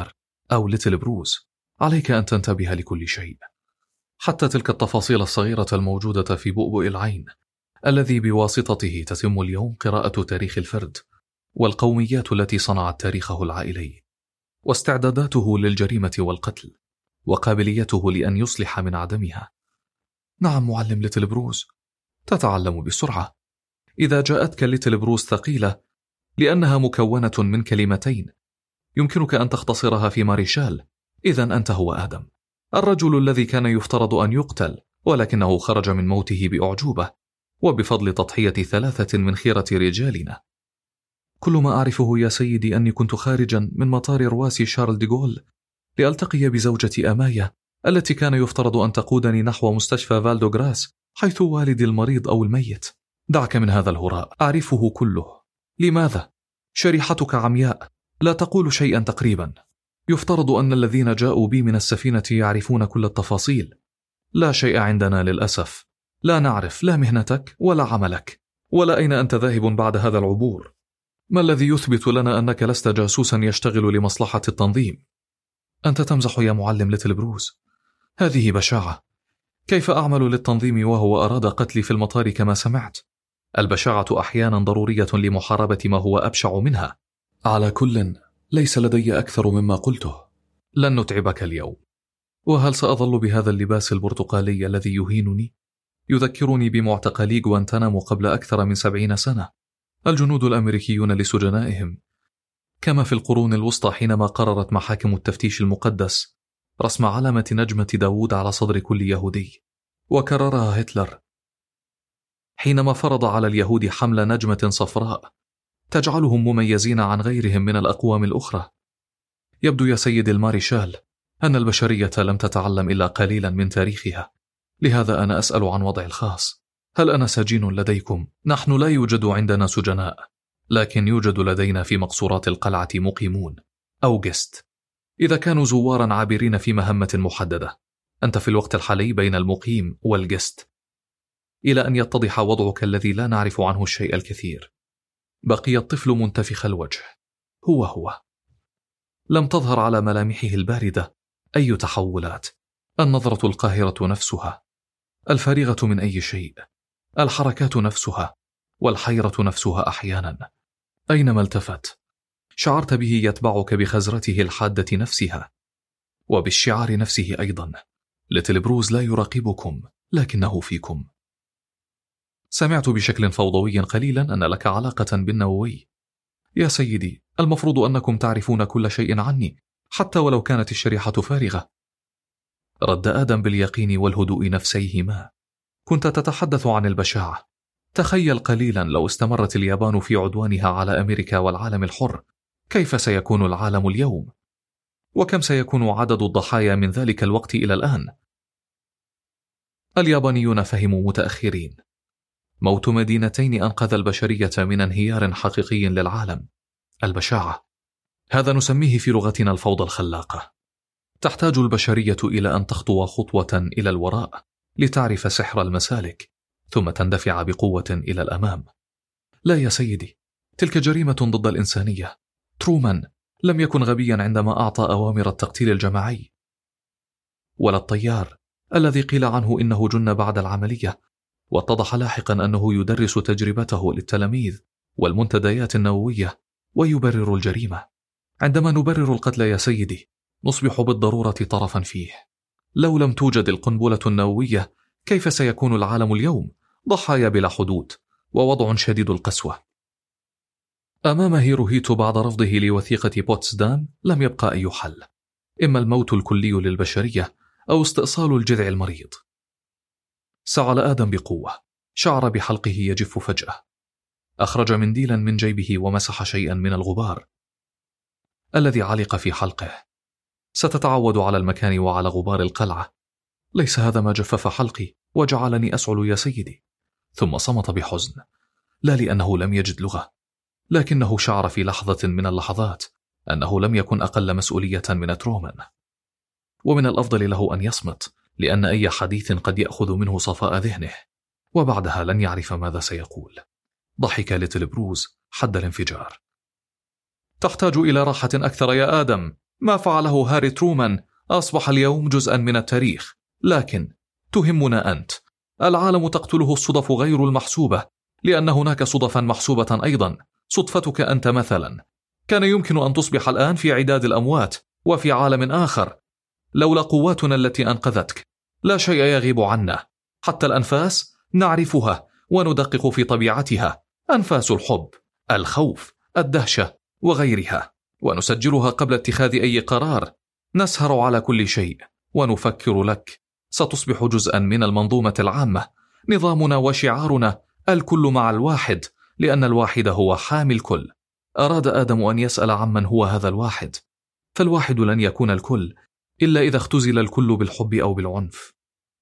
أو ليتل بروس، عليك أن تنتبه لكل شيء، حتى تلك التفاصيل الصغيرة الموجودة في بؤبؤ العين الذي بواسطته تتم اليوم قراءة تاريخ الفرد والقوميات التي صنعت تاريخه العائلي، واستعداداته للجريمة والقتل، وقابليته لأن يصلح من عدمها. نعم معلم ليتل بروس، تتعلم بسرعة. إذا جاءتك ليتل بروس ثقيلة لأنها مكونة من كلمتين يمكنك أن تختصرها في ماريشال، إذن أنت هو آدم، الرجل الذي كان يفترض أن يقتل ولكنه خرج من موته بأعجوبة وبفضل تضحية ثلاثة من خيرة رجالنا. كل ما أعرفه يا سيدي أني كنت خارجا من مطار رواسي شارل ديغول لألتقي بزوجتي أمايا التي كان يفترض أن تقودني نحو مستشفى فالدوغراس حيث والدي المريض أو الميت. دعك من هذا الهراء، أعرفه كله. لماذا؟ شريحتك عمياء، لا تقول شيئا تقريبا. يفترض أن الذين جاءوا بي من السفينة يعرفون كل التفاصيل. لا شيء عندنا للأسف، لا نعرف لا مهنتك ولا عملك ولا أين أنت ذاهب بعد هذا العبور. ما الذي يثبت لنا أنك لست جاسوسا يشتغل لمصلحة التنظيم؟ أنت تمزح يا معلم ليتل بروس، هذه بشاعة. كيف أعمل للتنظيم وهو أراد قتلي في المطار كما سمعت؟ البشاعة أحيانا ضرورية لمحاربة ما هو أبشع منها. على كل، ليس لدي أكثر مما قلته. لن نتعبك اليوم. وهل سأظل بهذا اللباس البرتقالي الذي يهينني؟ يذكرني بمعتقلي غوانتنامو قبل أكثر من سبعين سنة، الجنود الأمريكيون لسجنائهم، كما في القرون الوسطى حينما قررت محاكم التفتيش المقدس رسم علامة نجمة داوود على صدر كل يهودي، وكررها هتلر حينما فرض على اليهود حمل نجمة صفراء تجعلهم مميزين عن غيرهم من الأقوام الأخرى. يبدو يا سيد الماريشال أن البشرية لم تتعلم إلا قليلا من تاريخها، لهذا أنا أسأل عن وضعي الخاص. هل أنا سجين لديكم؟ نحن لا يوجد عندنا سجناء، لكن يوجد لدينا في مقصورات القلعة مقيمون أو جست، إذا كانوا زوارا عابرين في مهمة محددة. أنت في الوقت الحالي بين المقيم والجست، إلى أن يتضح وضعك الذي لا نعرف عنه الشيء الكثير. بقي الطفل منتفخ الوجه، هو هو. لم تظهر على ملامحه الباردة أي تحولات، النظرة القاهرة نفسها، الفارغة من أي شيء، الحركات نفسها، والحيرة نفسها أحيانا. أينما التفت شعرت به يتبعك بخزرته الحادة نفسها وبالشعار نفسه أيضا. ليتل بروس لا يراقبكم لكنه فيكم. سمعت بشكل فوضوي قليلا أن لك علاقة بالنووي. يا سيدي، المفروض أنكم تعرفون كل شيء عني حتى ولو كانت الشريحة فارغة. رد آدم باليقين والهدوء نفسيهما. كنت تتحدث عن البشاعة. تخيل قليلا لو استمرت اليابان في عدوانها على أمريكا والعالم الحر، كيف سيكون العالم اليوم؟ وكم سيكون عدد الضحايا من ذلك الوقت إلى الآن؟ اليابانيون فهموا متأخرين. موت مدينتين أنقذ البشرية من انهيار حقيقي للعالم. البشاعة، هذا نسميه في لغتنا الفوضى الخلاقة. تحتاج البشرية إلى أن تخطو خطوة إلى الوراء لتعرف سحر المسالك، ثم تندفع بقوة إلى الأمام. لا يا سيدي، تلك جريمة ضد الإنسانية. ترومان لم يكن غبيا عندما أعطى أوامر التقتيل الجماعي، ولا الطيار الذي قيل عنه إنه جن بعد العملية واتضح لاحقا أنه يدرس تجربته للتلاميذ والمنتديات النووية ويبرر الجريمة. عندما نبرر القتل يا سيدي نصبح بالضرورة طرفا فيه. لو لم توجد القنبلة النووية كيف سيكون العالم اليوم؟ ضحايا بلا حدود ووضع شديد القسوة. أمام هيروهيتو بعد رفضه لوثيقة بوتسدام لم يبقى أي حل، إما الموت الكلي للبشرية أو استئصال الجذع المريض. سعل آدم بقوة، شعر بحلقه يجف فجأة. أخرج منديلا من جيبه ومسح شيئا من الغبار الذي علق في حلقه. ستتعود على المكان وعلى غبار القلعة. ليس هذا ما جفف حلقي وجعلني أسعل يا سيدي. ثم صمت بحزن، لا لأنه لم يجد لغة، لكنه شعر في لحظة من اللحظات أنه لم يكن أقل مسؤولية من ترومان. ومن الأفضل له أن يصمت، لأن أي حديث قد يأخذ منه صفاء ذهنه، وبعدها لن يعرف ماذا سيقول. ضحك ليتل بروس حد الانفجار. تحتاج إلى راحة أكثر يا آدم، ما فعله هاري ترومان أصبح اليوم جزءا من التاريخ، لكن تهمنا أنت. العالم تقتله الصدف غير المحسوبة، لأن هناك صدفا محسوبة أيضا. صدفتك أنت مثلا كان يمكن أن تصبح الآن في عداد الأموات وفي عالم آخر لولا قواتنا التي أنقذتك. لا شيء يغيب عنا، حتى الأنفاس نعرفها وندقق في طبيعتها، أنفاس الحب، الخوف، الدهشة وغيرها، ونسجلها قبل اتخاذ أي قرار. نسهر على كل شيء ونفكر لك. ستصبح جزءا من المنظومة العامة، نظامنا وشعارنا الكل مع الواحد، لأن الواحد هو حامي الكل. أراد آدم أن يسأل عمن هو هذا الواحد، فالواحد لن يكون الكل إلا إذا اختزل الكل بالحب أو بالعنف.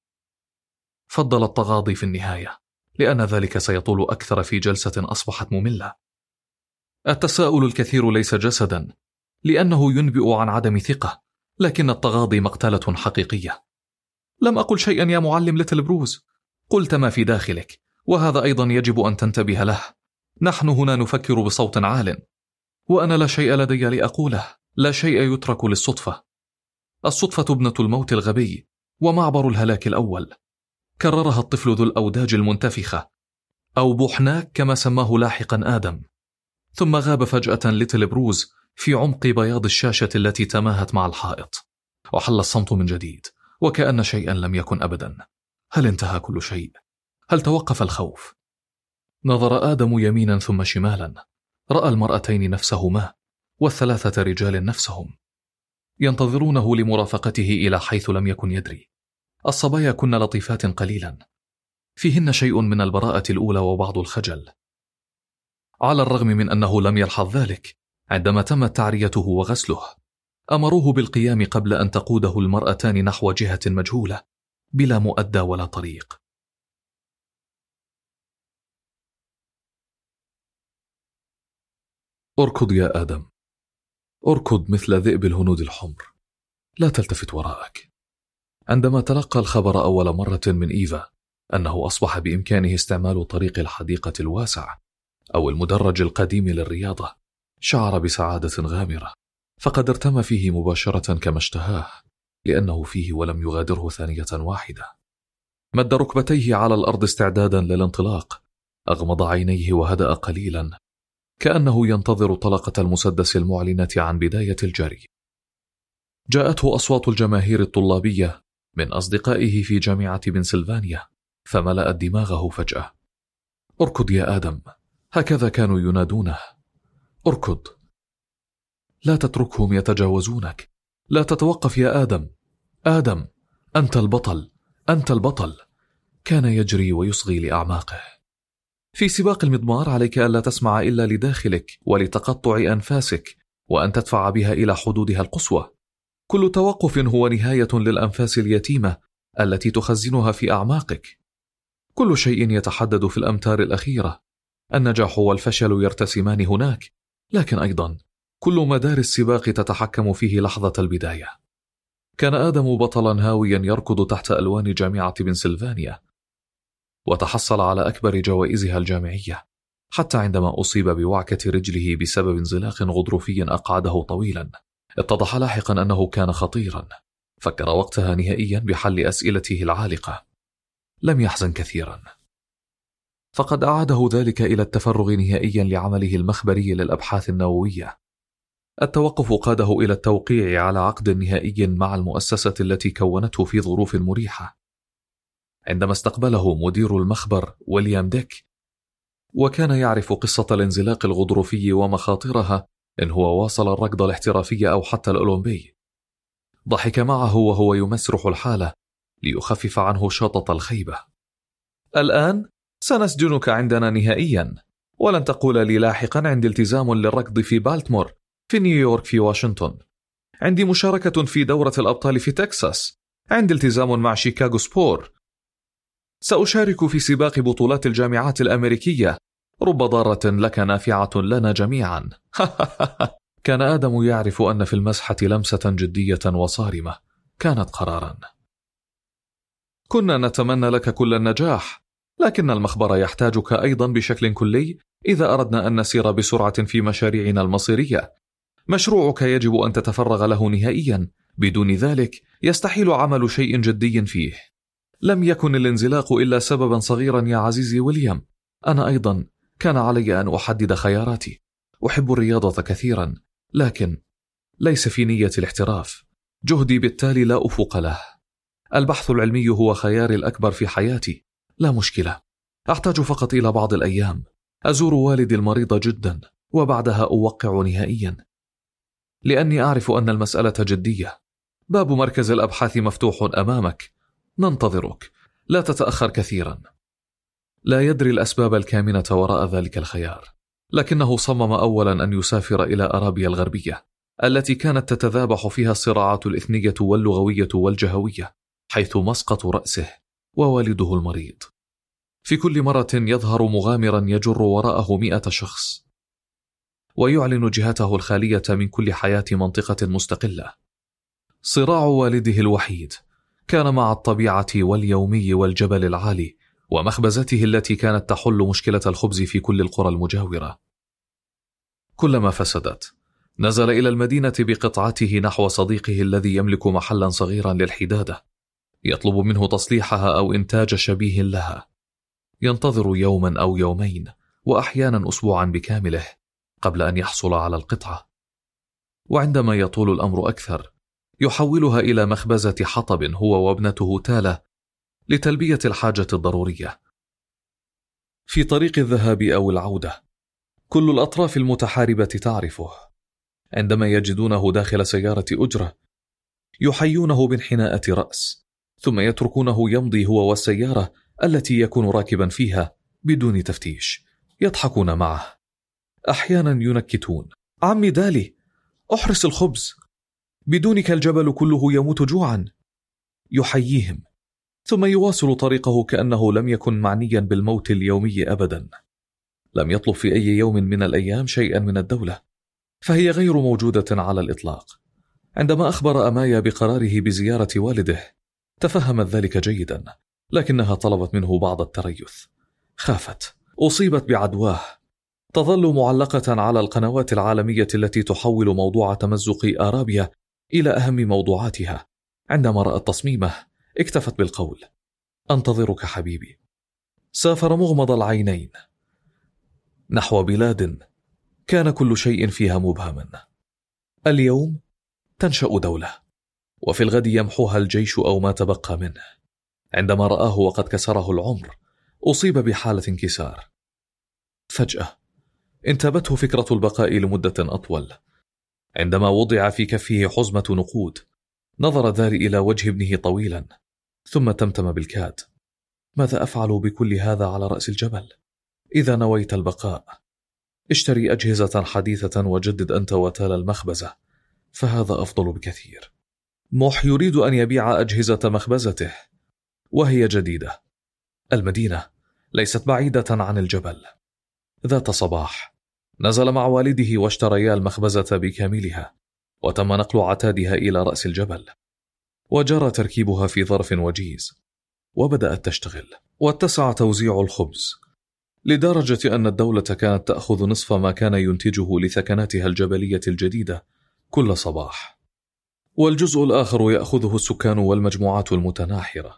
فضل التغاضي في النهاية، لأن ذلك سيطول أكثر في جلسة أصبحت مملة. التساؤل الكثير ليس جسدا، لأنه ينبئ عن عدم ثقة، لكن التغاضي مقتلة حقيقية. لم أقل شيئا يا معلم ليتل بروز، قلت ما في داخلك، وهذا أيضا يجب أن تنتبه له. نحن هنا نفكر بصوت عال، وأنا لا شيء لدي لأقوله، لا شيء يترك للصدفة. الصدفة ابنة الموت الغبي ومعبر الهلاك الأول. كررها الطفل ذو الأوداج المنتفخة، أو بوحناك كما سماه لاحقا آدم. ثم غاب فجأة ليتل بروز في عمق بياض الشاشة التي تماهت مع الحائط، وحل الصمت من جديد وكأن شيئا لم يكن أبدا. هل انتهى كل شيء؟ هل توقف الخوف؟ نظر آدم يمينا ثم شمالا، رأى المرأتين نفسهما والثلاثة رجال نفسهم ينتظرونه لمرافقته إلى حيث لم يكن يدري. الصبايا كن لطيفات قليلا، فيهن شيء من البراءة الأولى وبعض الخجل، على الرغم من أنه لم يلحظ ذلك. عندما تمت تعريته وغسله أمروه بالقيام قبل أن تقوده المرأتان نحو جهة مجهولة بلا مؤدى ولا طريق. اركض يا آدم، اركض مثل ذئب الهنود الحمر، لا تلتفت وراءك. عندما تلقى الخبر أول مرة من إيفا أنه أصبح بإمكانه استعمال طريق الحديقة الواسع أو المدرج القديم للرياضة، شعر بسعادة غامرة، فقد ارتمى فيه مباشرة كما اشتهاه، لأنه فيه ولم يغادره ثانية واحدة. مد ركبتيه على الأرض استعدادا للانطلاق، أغمض عينيه وهدأ قليلا، كأنه ينتظر طلقة المسدس المعلنة عن بداية الجري. جاءته أصوات الجماهير الطلابية من أصدقائه في جامعة بنسلفانيا، فملأت دماغه فجأة. اركض يا آدم، هكذا كانوا ينادونه. اركض، لا تتركهم يتجاوزونك، لا تتوقف يا آدم. آدم، أنت البطل، أنت البطل. كان يجري ويصغي لأعماقه. في سباق المضمار عليك ألا تسمع إلا لداخلك ولتقطع أنفاسك، وأن تدفع بها إلى حدودها القصوى. كل توقف هو نهاية للأنفاس اليتيمة التي تخزنها في أعماقك. كل شيء يتحدد في الأمتار الأخيرة. النجاح والفشل يرتسمان هناك، لكن أيضا كل مدار السباق تتحكم فيه لحظة البداية. كان آدم بطلا هاويا يركض تحت ألوان جامعة بنسلفانيا، وتحصل على أكبر جوائزها الجامعية، حتى عندما أصيب بوعكة رجله بسبب انزلاق غضروفي أقعده طويلا. اتضح لاحقا أنه كان خطيرا. فكر وقتها نهائيا بحل أسئلته العالقة. لم يحزن كثيرا، فقد أعاده ذلك إلى التفرغ نهائيا لعمله المخبري للأبحاث النووية. التوقف قاده إلى التوقيع على عقد نهائي مع المؤسسة التي كونته في ظروف مريحة. عندما استقبله مدير المخبر ويليام ديك، وكان يعرف قصة الانزلاق الغضروفي ومخاطرها إن هو واصل الركض الاحترافي أو حتى الأولمبي، ضحك معه وهو يمسرح الحالة ليخفف عنه شطط الخيبة. الآن سنسجنك عندنا نهائيا، ولن تقول لي لاحقا عندي التزام للركض في بالتمور، في نيويورك، في واشنطن، عندي مشاركة في دورة الأبطال في تكساس، عندي التزام مع شيكاغو سبور، سأشارك في سباق بطولات الجامعات الأمريكية، رب ضارة لك نافعة لنا جميعا. كان آدم يعرف أن في المسحة لمسة جدية وصارمة كانت قرارا. كنا نتمنى لك كل النجاح، لكن المخبر يحتاجك أيضا بشكل كلي إذا أردنا أن نسير بسرعة في مشاريعنا المصيرية. مشروعك يجب أن تتفرغ له نهائيا، بدون ذلك يستحيل عمل شيء جدي فيه. لم يكن الانزلاق إلا سببا صغيرا يا عزيزي ويليام. أنا أيضا كان علي أن أحدد خياراتي. أحب الرياضة كثيرا، لكن ليس في نية الاحتراف. جهدي بالتالي لا أفق له. البحث العلمي هو خياري الأكبر في حياتي. لا مشكلة، أحتاج فقط إلى بعض الأيام أزور والدي المريض جدا، وبعدها أوقع نهائيا، لأني أعرف أن المسألة جدية. باب مركز الأبحاث مفتوح أمامك، ننتظرك، لا تتأخر كثيرا. لا يدري الأسباب الكامنة وراء ذلك الخيار، لكنه صمم أولا أن يسافر إلى أرابيا الغربية التي كانت تتذابح فيها الصراعات الإثنية واللغوية والجهوية، حيث مسقط رأسه ووالده المريض. في كل مرة يظهر مغامرا يجر وراءه مئة شخص، ويعلن جهته الخالية من كل حياة منطقة مستقلة. صراع والده الوحيد كان مع الطبيعة واليومي والجبل العالي ومخبزته التي كانت تحل مشكلة الخبز في كل القرى المجاورة. كلما فسدت نزل إلى المدينة بقطعته نحو صديقه الذي يملك محلا صغيرا للحدادة، يطلب منه تصليحها أو إنتاج شبيه لها. ينتظر يوما أو يومين وأحيانا أسبوعا بكامله قبل أن يحصل على القطعة، وعندما يطول الأمر أكثر يحولها إلى مخبزة حطب هو وابنته تالا لتلبية الحاجة الضرورية. في طريق الذهاب أو العودة كل الأطراف المتحاربة تعرفه. عندما يجدونه داخل سيارة أجرة يحيونه بانحناءة رأس، ثم يتركونه يمضي هو والسيارة التي يكون راكبا فيها بدون تفتيش. يضحكون معه، أحيانا ينكتون: عمي دالي، أحرس الخبز، بدونك الجبل كله يموت جوعا. يحييهم ثم يواصل طريقه كأنه لم يكن معنيا بالموت اليومي أبدا. لم يطلب في أي يوم من الأيام شيئا من الدولة، فهي غير موجودة على الإطلاق. عندما أخبر أمايا بقراره بزيارة والده تفهمت ذلك جيدا، لكنها طلبت منه بعض التريث. خافت أصيبت بعدواه. تظل معلقة على القنوات العالمية التي تحول موضوع تمزق أرابيا إلى أهم موضوعاتها. عندما رأت تصميمه اكتفت بالقول: أنتظرك حبيبي. سافر مغمض العينين نحو بلاد كان كل شيء فيها مبهما. اليوم تنشأ دولة، وفي الغد يمحوها الجيش أو ما تبقى منه. عندما رآه وقد كسره العمر أصيب بحالة انكسار. فجأة انتابته فكرة البقاء لمدة أطول. عندما وضع في كفه حزمة نقود نظر داري إلى وجه ابنه طويلا، ثم تمتم بالكاد: ماذا أفعل بكل هذا على رأس الجبل؟ إذا نويت البقاء اشتري أجهزة حديثة وجدد أنت وتال المخبزة، فهذا أفضل بكثير. موح يريد أن يبيع أجهزة مخبزته وهي جديدة. المدينة ليست بعيدة عن الجبل. ذات صباح نزل مع والده واشتريا المخبزة بكاملها، وتم نقل عتادها إلى رأس الجبل، وجرى تركيبها في ظرف وجيز، وبدأت تشتغل. واتسع توزيع الخبز لدرجة أن الدولة كانت تأخذ نصف ما كان ينتجه لثكناتها الجبلية الجديدة كل صباح، والجزء الآخر يأخذه السكان والمجموعات المتناحرة.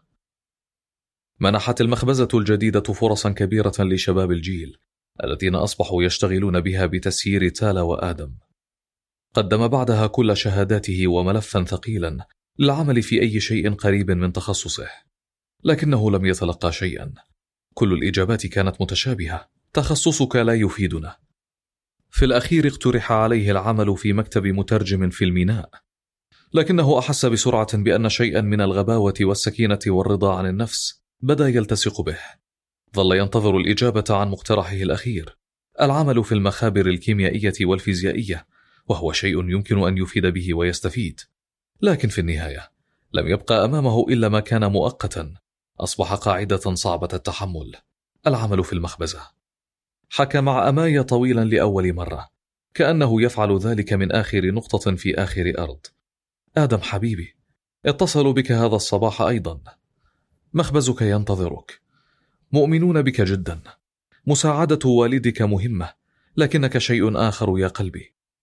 منحت المخبزة الجديدة فرصا كبيرة لشباب الجيل الذين أصبحوا يشتغلون بها بتسيير تالا وآدم. قدم بعدها كل شهاداته وملفا ثقيلا للعمل في أي شيء قريب من تخصصه، لكنه لم يتلقى شيئا. كل الإجابات كانت متشابهة: تخصصك لا يفيدنا. في الأخير اقترح عليه العمل في مكتب مترجم في الميناء، لكنه أحس بسرعة بأن شيئا من الغباوة والسكينة والرضا عن النفس بدأ يلتصق به. ظل ينتظر الإجابة عن مقترحه الأخير: العمل في المخابر الكيميائية والفيزيائية، وهو شيء يمكن أن يفيد به ويستفيد. لكن في النهاية لم يبقى أمامه إلا ما كان مؤقتا أصبح قاعدة صعبة التحمل: العمل في المخبزة. حكى مع أمايا طويلا لأول مرة، كأنه يفعل ذلك من آخر نقطة في آخر أرض. آدم حبيبي، اتصلوا بك هذا الصباح أيضا. مخبزك ينتظرك. مؤمنون بك جدا. مساعدة والدك مهمة، لكنك شيء آخر يا قلبي.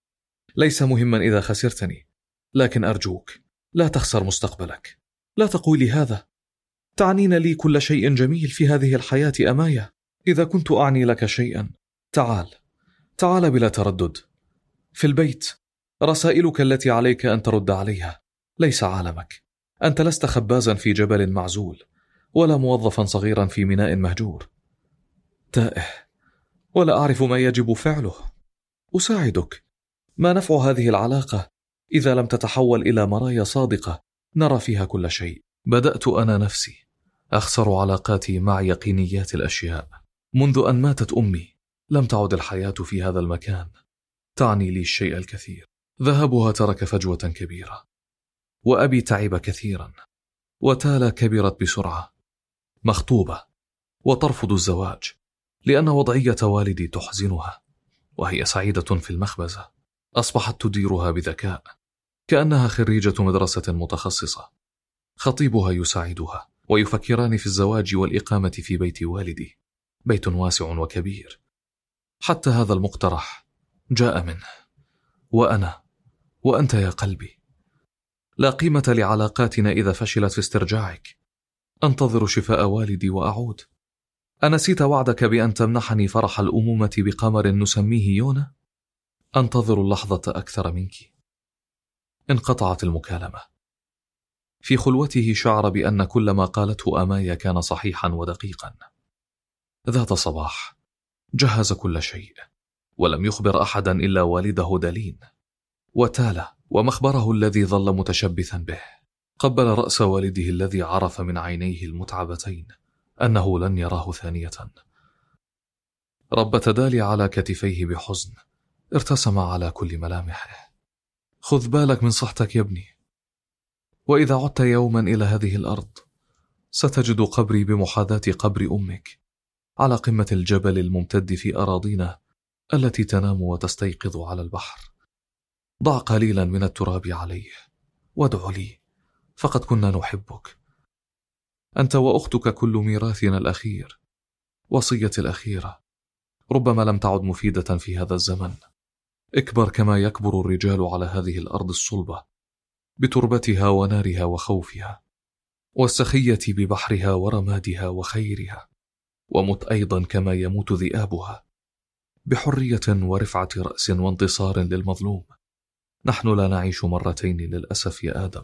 ليس مهما إذا خسرتني، لكن أرجوك لا تخسر مستقبلك. لا تقولي هذا. تعنين لي كل شيء جميل في هذه الحياة أماية. إذا كنت أعني لك شيئا، تعال تعال بلا تردد. في البيت رسائلك التي عليك أن ترد عليها، ليس عالمك. أنت لست خبازا في جبل معزول، ولا موظفا صغيرا في ميناء مهجور. تائه ولا أعرف ما يجب فعله. أساعدك. ما نفع هذه العلاقة إذا لم تتحول إلى مرايا صادقة نرى فيها كل شيء؟ بدأت أنا نفسي أخسر علاقاتي مع يقينيات الأشياء. منذ أن ماتت أمي لم تعد الحياة في هذا المكان تعني لي الشيء الكثير. ذهابها ترك فجوة كبيرة، وأبي تعب كثيرا، وتالا كبرت بسرعة، مخطوبة وترفض الزواج لأن وضعية والدي تحزنها، وهي سعيدة في المخبزة. أصبحت تديرها بذكاء كأنها خريجة مدرسة متخصصة. خطيبها يساعدها، ويفكران في الزواج والإقامة في بيت والدي، بيت واسع وكبير. حتى هذا المقترح جاء منه. وأنا وأنت يا قلبي، لا قيمة لعلاقاتنا إذا فشلت في استرجاعك. أنتظر شفاء والدي وأعود. أنسيت وعدك بأن تمنحني فرح الأمومة بقمر نسميه يونا؟ أنتظر اللحظة أكثر منك. انقطعت المكالمة. في خلوته شعر بأن كل ما قالته أمايا كان صحيحا ودقيقا. ذات صباح جهز كل شيء، ولم يخبر أحدا إلا والده دالين وتالا ومخبره الذي ظل متشبثا به. قبل رأس والده الذي عرف من عينيه المتعبتين أنه لن يراه ثانية. ربت دالي على كتفيه بحزن ارتسم على كل ملامحه. خذ بالك من صحتك يا ابني، وإذا عدت يوما إلى هذه الأرض ستجد قبري بمحاذاة قبر أمك على قمة الجبل الممتد في أراضينا التي تنام وتستيقظ على البحر. ضع قليلا من التراب عليه وادع لي، فقد كنا نحبك. أنت وأختك كل ميراثنا الأخير، وصية الأخيرة ربما لم تعد مفيدة في هذا الزمن. اكبر كما يكبر الرجال على هذه الأرض الصلبة، بتربتها ونارها وخوفها، والسخية ببحرها ورمادها وخيرها، ومت أيضا كما يموت ذئابها، بحرية ورفعة رأس وانتصار للمظلوم. نحن لا نعيش مرتين للأسف يا آدم.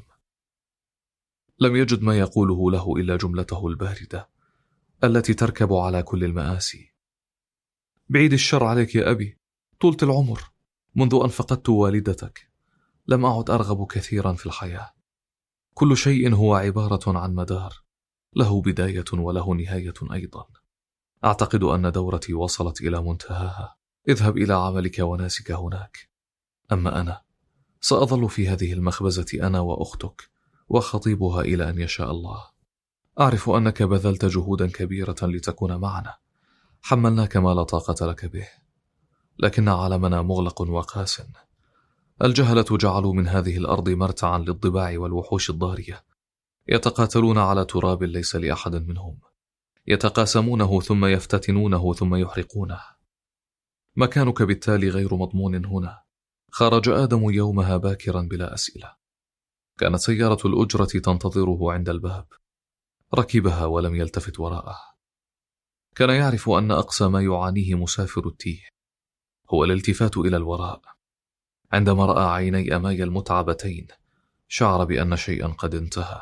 لم يجد ما يقوله له إلا جملته الباردة التي تركب على كل المآسي. بعيد الشر عليك يا أبي، طولت العمر. منذ أن فقدت والدتك لم أعد أرغب كثيرا في الحياة. كل شيء هو عبارة عن مدار له بداية وله نهاية أيضا. أعتقد أن دورتي وصلت إلى منتهاها. اذهب إلى عملك وناسك هناك. أما أنا سأظل في هذه المخبزة أنا وأختك وخطيبها إلى أن يشاء الله. أعرف أنك بذلت جهودا كبيرة لتكون معنا، حملناك ما لا طاقة لك به، لكن عالمنا مغلق وقاس. الجهلة جعلوا من هذه الأرض مرتعا للضباع والوحوش الضارية، يتقاتلون على تراب ليس لأحد منهم، يتقاسمونه ثم يفتتنونه ثم يحرقونه. مكانك بالتالي غير مضمون هنا. خرج آدم يومها باكرا بلا أسئلة. كانت سيارة الأجرة تنتظره عند الباب. ركبها ولم يلتفت وراءه. كان يعرف أن أقصى ما يعانيه مسافر التيه هو الالتفات إلى الوراء. عندما رأى عيني أمايا المتعبتين شعر بأن شيئا قد انتهى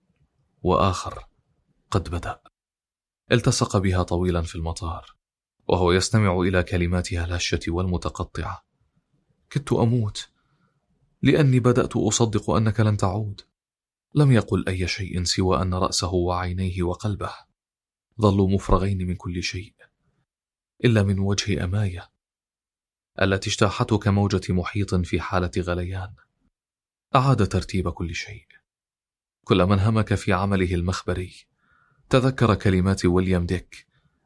وآخر قد بدأ. التصق بها طويلا في المطار وهو يستمع إلى كلماتها الهشة والمتقطعة. كدت أموت لأني بدأت أصدق أنك لن تعود. لم يقل أي شيء سوى أن رأسه وعينيه وقلبه ظلوا مفرغين من كل شيء إلا من وجه أمايا التي اجتاحته كموجة محيط في حالة غليان. أعاد ترتيب كل شيء. كل من همك في عمله المخبري تذكر كلمات ويليام ديك: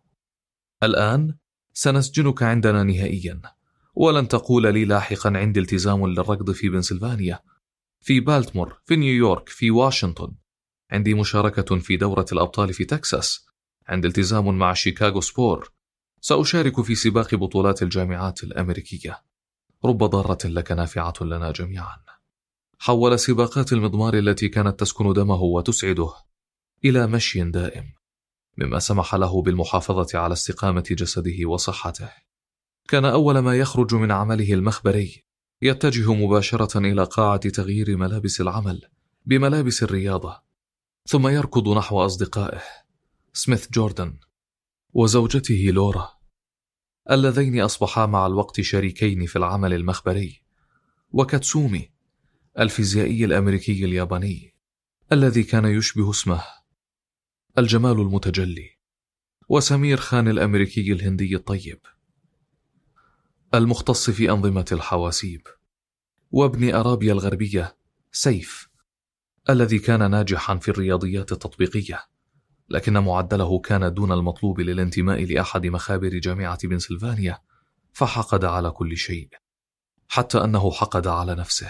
الآن سنسجنك عندنا نهائيا، ولن تقول لي لاحقا عندي التزام للركض في بنسلفانيا، في بالتمور، في نيويورك، في واشنطن. عندي مشاركة في دورة الأبطال في تكساس. عندي التزام مع شيكاغو سبور. سأشارك في سباق بطولات الجامعات الأمريكية. رب ضارة لك نافعة لنا جميعا. حول سباقات المضمار التي كانت تسكن دمه وتسعده إلى مشي دائم، مما سمح له بالمحافظة على استقامة جسده وصحته. كان أول ما يخرج من عمله المخبري يتجه مباشرة إلى قاعة تغيير ملابس العمل بملابس الرياضة، ثم يركض نحو أصدقائه سميث جوردن وزوجته لورا، اللذين أصبحا مع الوقت شريكين في العمل المخبري، وكاتسومي الفيزيائي الأمريكي الياباني الذي كان يشبه اسمه الجمال المتجلي، وسمير خان الأمريكي الهندي الطيب المختص في أنظمة الحواسيب، وابن أرابيا الغربية سيف الذي كان ناجحا في الرياضيات التطبيقية، لكن معدله كان دون المطلوب للانتماء لأحد مخابر جامعة بنسلفانيا، فحقد على كل شيء حتى أنه حقد على نفسه.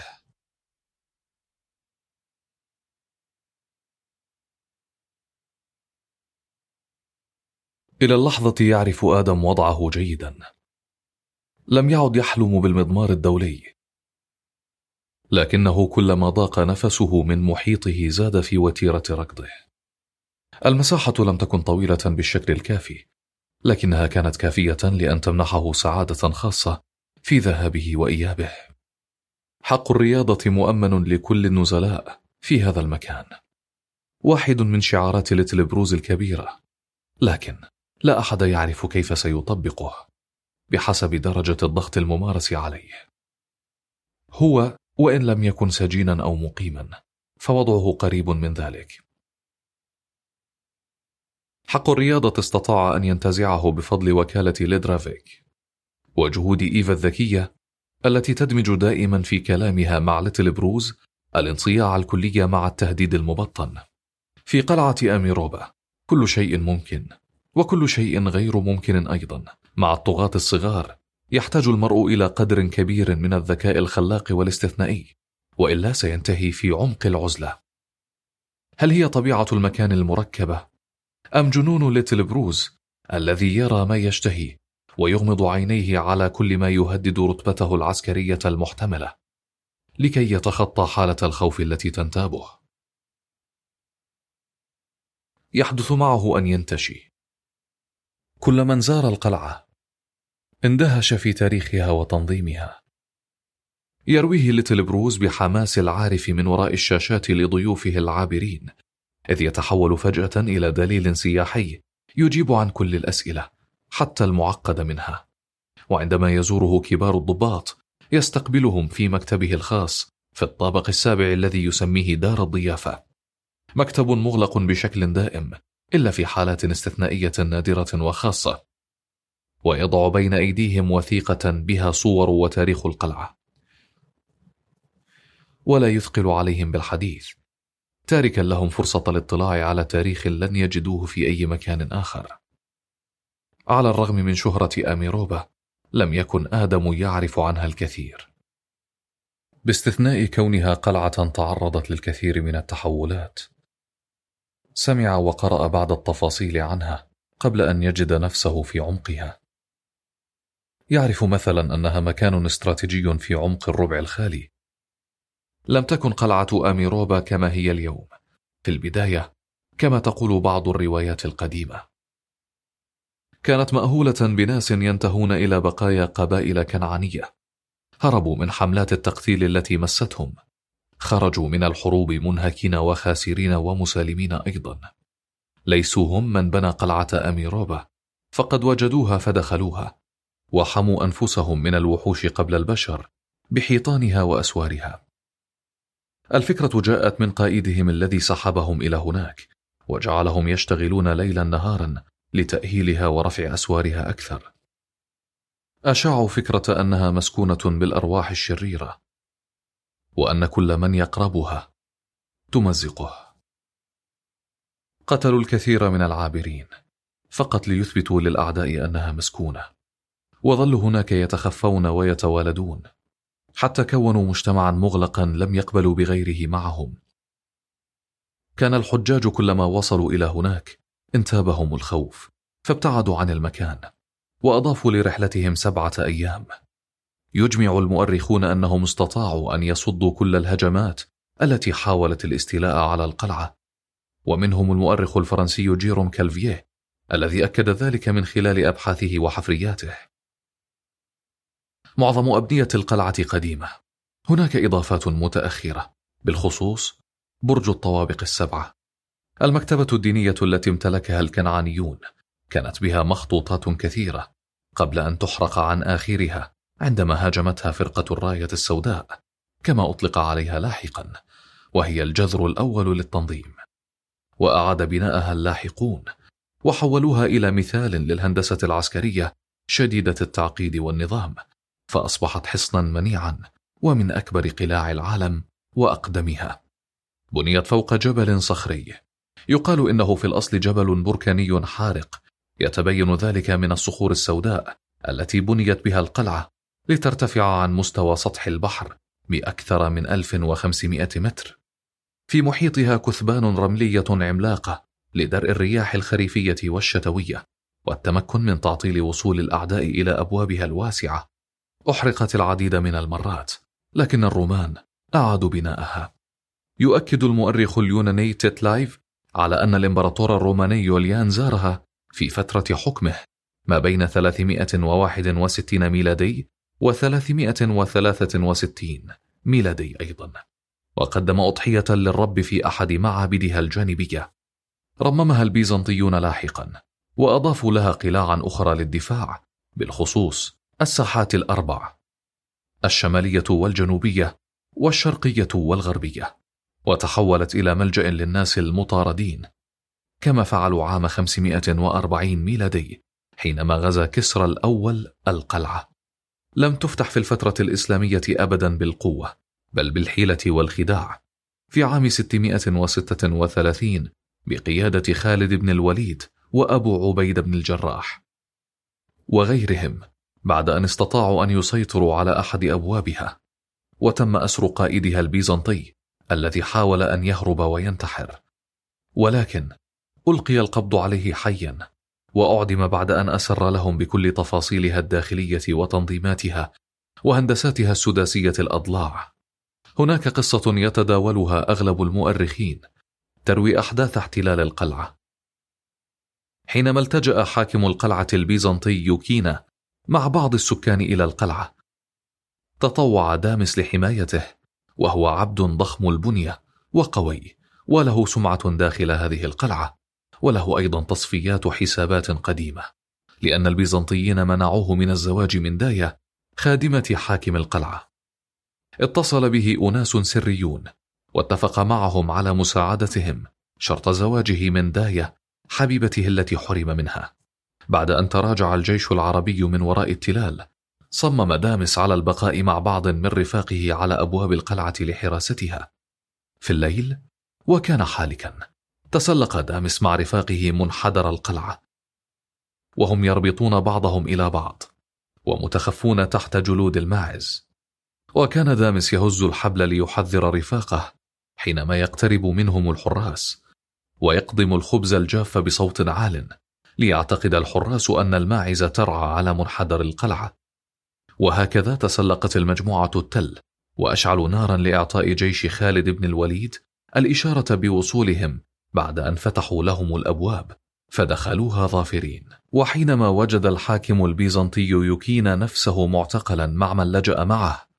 إلى اللحظة يعرف آدم وضعه جيدا. لم يعد يحلم بالمضمار الدولي، لكنه كلما ضاق نفسه من محيطه زاد في وتيرة ركضه. المساحة لم تكن طويلة بالشكل الكافي، لكنها كانت كافية لأن تمنحه سعادة خاصة في ذهابه وإيابه. حق الرياضة مؤمن لكل النزلاء في هذا المكان، واحد من شعارات ليتل بروز الكبيرة، لكن لا أحد يعرف كيف سيطبقه بحسب درجة الضغط الممارس عليه. هو وإن لم يكن سجينا أو مقيما فوضعه قريب من ذلك. حق الرياضة استطاع أن ينتزعه بفضل وكالة ليدرافيك وجهود إيفا الذكية التي تدمج دائما في كلامها مع ليتل بروز الانصياع الكلي مع التهديد المبطن. في قلعة أميروبا كل شيء ممكن، وكل شيء غير ممكن أيضا. مع الطغاة الصغار يحتاج المرء إلى قدر كبير من الذكاء الخلاق والاستثنائي، وإلا سينتهي في عمق العزلة. هل هي طبيعة المكان المركبة، أم جنون ليتل بروز الذي يرى ما يشتهي ويغمض عينيه على كل ما يهدد رتبته العسكرية المحتملة لكي يتخطى حالة الخوف التي تنتابه؟ يحدث معه أن ينتشي. كل من زار القلعة اندهش في تاريخها وتنظيمها. يرويه ليتل بروز بحماس العارف من وراء الشاشات لضيوفه العابرين، إذ يتحول فجأة إلى دليل سياحي يجيب عن كل الأسئلة حتى المعقدة منها. وعندما يزوره كبار الضباط يستقبلهم في مكتبه الخاص في الطابق السابع الذي يسميه دار الضيافة، مكتب مغلق بشكل دائم إلا في حالات استثنائية نادرة وخاصة، ويضع بين أيديهم وثيقة بها صور وتاريخ القلعة، ولا يثقل عليهم بالحديث، تاركا لهم فرصة الاطلاع على تاريخ لن يجدوه في أي مكان آخر. على الرغم من شهرة أميروبا لم يكن آدم يعرف عنها الكثير، باستثناء كونها قلعة تعرضت للكثير من التحولات. سمع وقرأ بعض التفاصيل عنها قبل أن يجد نفسه في عمقها. يعرف مثلا أنها مكان استراتيجي في عمق الربع الخالي. لم تكن قلعة أميروبا كما هي اليوم في البداية كما تقول بعض الروايات القديمة. كانت مأهولة بناس ينتهون إلى بقايا قبائل كنعانية هربوا من حملات التقتيل التي مستهم، خرجوا من الحروب منهكين وخاسرين ومسالمين أيضا. ليسوا هم من بنى قلعة أميروبا، فقد وجدوها فدخلوها وحموا أنفسهم من الوحوش قبل البشر بحيطانها وأسوارها. الفكرة جاءت من قائدهم الذي سحبهم إلى هناك وجعلهم يشتغلون ليلا نهارا لتأهيلها ورفع أسوارها أكثر. أشاعوا فكرة أنها مسكونة بالأرواح الشريرة، وأن كل من يقربها تمزقه. قتلوا الكثير من العابرين فقط ليثبتوا للأعداء أنها مسكونة، وظلوا هناك يتخفون ويتوالدون حتى كونوا مجتمعا مغلقا لم يقبلوا بغيره معهم. كان الحجاج كلما وصلوا إلى هناك انتابهم الخوف فابتعدوا عن المكان، وأضافوا لرحلتهم سبعة أيام يجمع المؤرخون أنهم استطاعوا أن يصدوا كل الهجمات التي حاولت الاستيلاء على القلعة، ومنهم المؤرخ الفرنسي جيروم كالفيه الذي أكد ذلك من خلال أبحاثه وحفرياته. معظم أبنية القلعة قديمة، هناك إضافات متأخرة، بالخصوص برج الطوابق السبعة. المكتبة الدينية التي امتلكها الكنعانيون كانت بها مخطوطات كثيرة قبل أن تحرق عن آخرها عندما هاجمتها فرقة الراية السوداء كما أطلق عليها لاحقا، وهي الجذر الأول للتنظيم. وأعاد بناءها اللاحقون وحولوها إلى مثال للهندسة العسكرية شديدة التعقيد والنظام، فأصبحت حصنا منيعا ومن أكبر قلاع العالم وأقدمها. بنيت فوق جبل صخري، يقال إنه في الأصل جبل بركاني حارق، يتبين ذلك من الصخور السوداء التي بنيت بها القلعة لترتفع عن مستوى سطح البحر بأكثر من ألف وخمسمائة متر. في محيطها كثبان رملية عملاقة لدرء الرياح الخريفية والشتوية والتمكن من تعطيل وصول الأعداء إلى أبوابها الواسعة. أحرقت العديد من المرات، لكن الرومان أعادوا بناءها. يؤكد المؤرخ اليوناني تيتلايف على أن الإمبراطور الروماني يوليان زارها في فترة حكمه ما بين ثلاثمائة وواحد وستين ميلادي وثلاثمائة وثلاثة وستين ميلادي أيضا، وقدم أضحية للرب في أحد معابدها الجانبية. رممها البيزنطيون لاحقا وأضافوا لها قلاعا أخرى للدفاع، بالخصوص الساحات الأربع، الشمالية والجنوبية والشرقية والغربية، وتحولت إلى ملجأ للناس المطاردين، كما فعلوا عام خمسمائة وأربعين ميلادي حينما غزا كسرى الأول القلعة. لم تفتح في الفترة الإسلامية أبدا بالقوة، بل بالحيلة والخداع. في عام ستمائة وستة وثلاثين بقيادة خالد بن الوليد وأبو عبيد بن الجراح وغيرهم، بعد أن استطاعوا أن يسيطروا على أحد أبوابها، وتم أسر قائدها البيزنطي الذي حاول أن يهرب وينتحر، ولكن ألقي القبض عليه حيا وأعدم بعد أن أسر لهم بكل تفاصيلها الداخلية وتنظيماتها وهندساتها السداسية الأضلاع. هناك قصة يتداولها أغلب المؤرخين تروي أحداث احتلال القلعة. حينما التجأ حاكم القلعة البيزنطي يوكينا مع بعض السكان إلى القلعة، تطوع دامس لحمايته، وهو عبد ضخم البنية وقوي، وله سمعة داخل هذه القلعة، وله أيضا تصفيات حسابات قديمة، لأن البيزنطيين منعوه من الزواج من داية خادمة حاكم القلعة. اتصل به أناس سريون واتفق معهم على مساعدتهم شرط زواجه من داية حبيبته التي حرم منها. بعد أن تراجع الجيش العربي من وراء التلال، صمم دامس على البقاء مع بعض من رفاقه على أبواب القلعة لحراستها. في الليل وكان حالكا، تسلق دامس مع رفاقه منحدر القلعة، وهم يربطون بعضهم إلى بعض ومتخفون تحت جلود الماعز. وكان دامس يهز الحبل ليحذر رفاقه حينما يقترب منهم الحراس، ويقضم الخبز الجاف بصوت عال ليعتقد الحراس أن الماعز ترعى على منحدر القلعة. وهكذا تسلقت المجموعة التل وأشعلوا نارا لإعطاء جيش خالد بن الوليد الإشارة بوصولهم بعد أن فتحوا لهم الأبواب، فدخلوها ظافرين. وحينما وجد الحاكم البيزنطي يوكينا نفسه معتقلا مع من لجأ معه،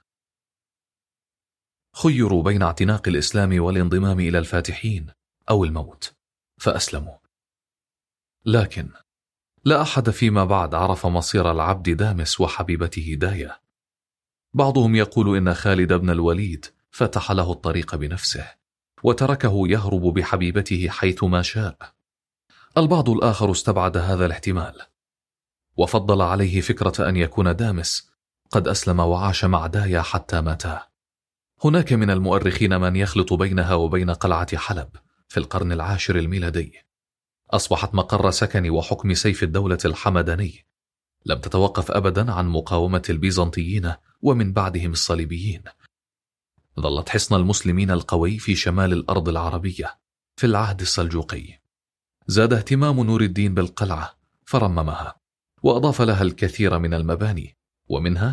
خيروا بين اعتناق الإسلام والانضمام إلى الفاتحين أو الموت، فأسلموا. لكن لا أحد فيما بعد عرف مصير العبد دامس وحبيبته داية. بعضهم يقول إن خالد بن الوليد فتح له الطريق بنفسه وتركه يهرب بحبيبته حيثما شاء. البعض الآخر استبعد هذا الاحتمال وفضل عليه فكرة أن يكون دامس قد أسلم وعاش مع داية حتى ماتا. هناك من المؤرخين من يخلط بينها وبين قلعة حلب في القرن العاشر الميلادي. أصبحت مقر سكن وحكم سيف الدولة الحمداني، لم تتوقف أبدا عن مقاومة البيزنطيين ومن بعدهم الصليبيين. ظلت حصن المسلمين القوي في شمال الأرض العربية في العهد السلجوقي. زاد اهتمام نور الدين بالقلعة فرممها وأضاف لها الكثير من المباني، ومنها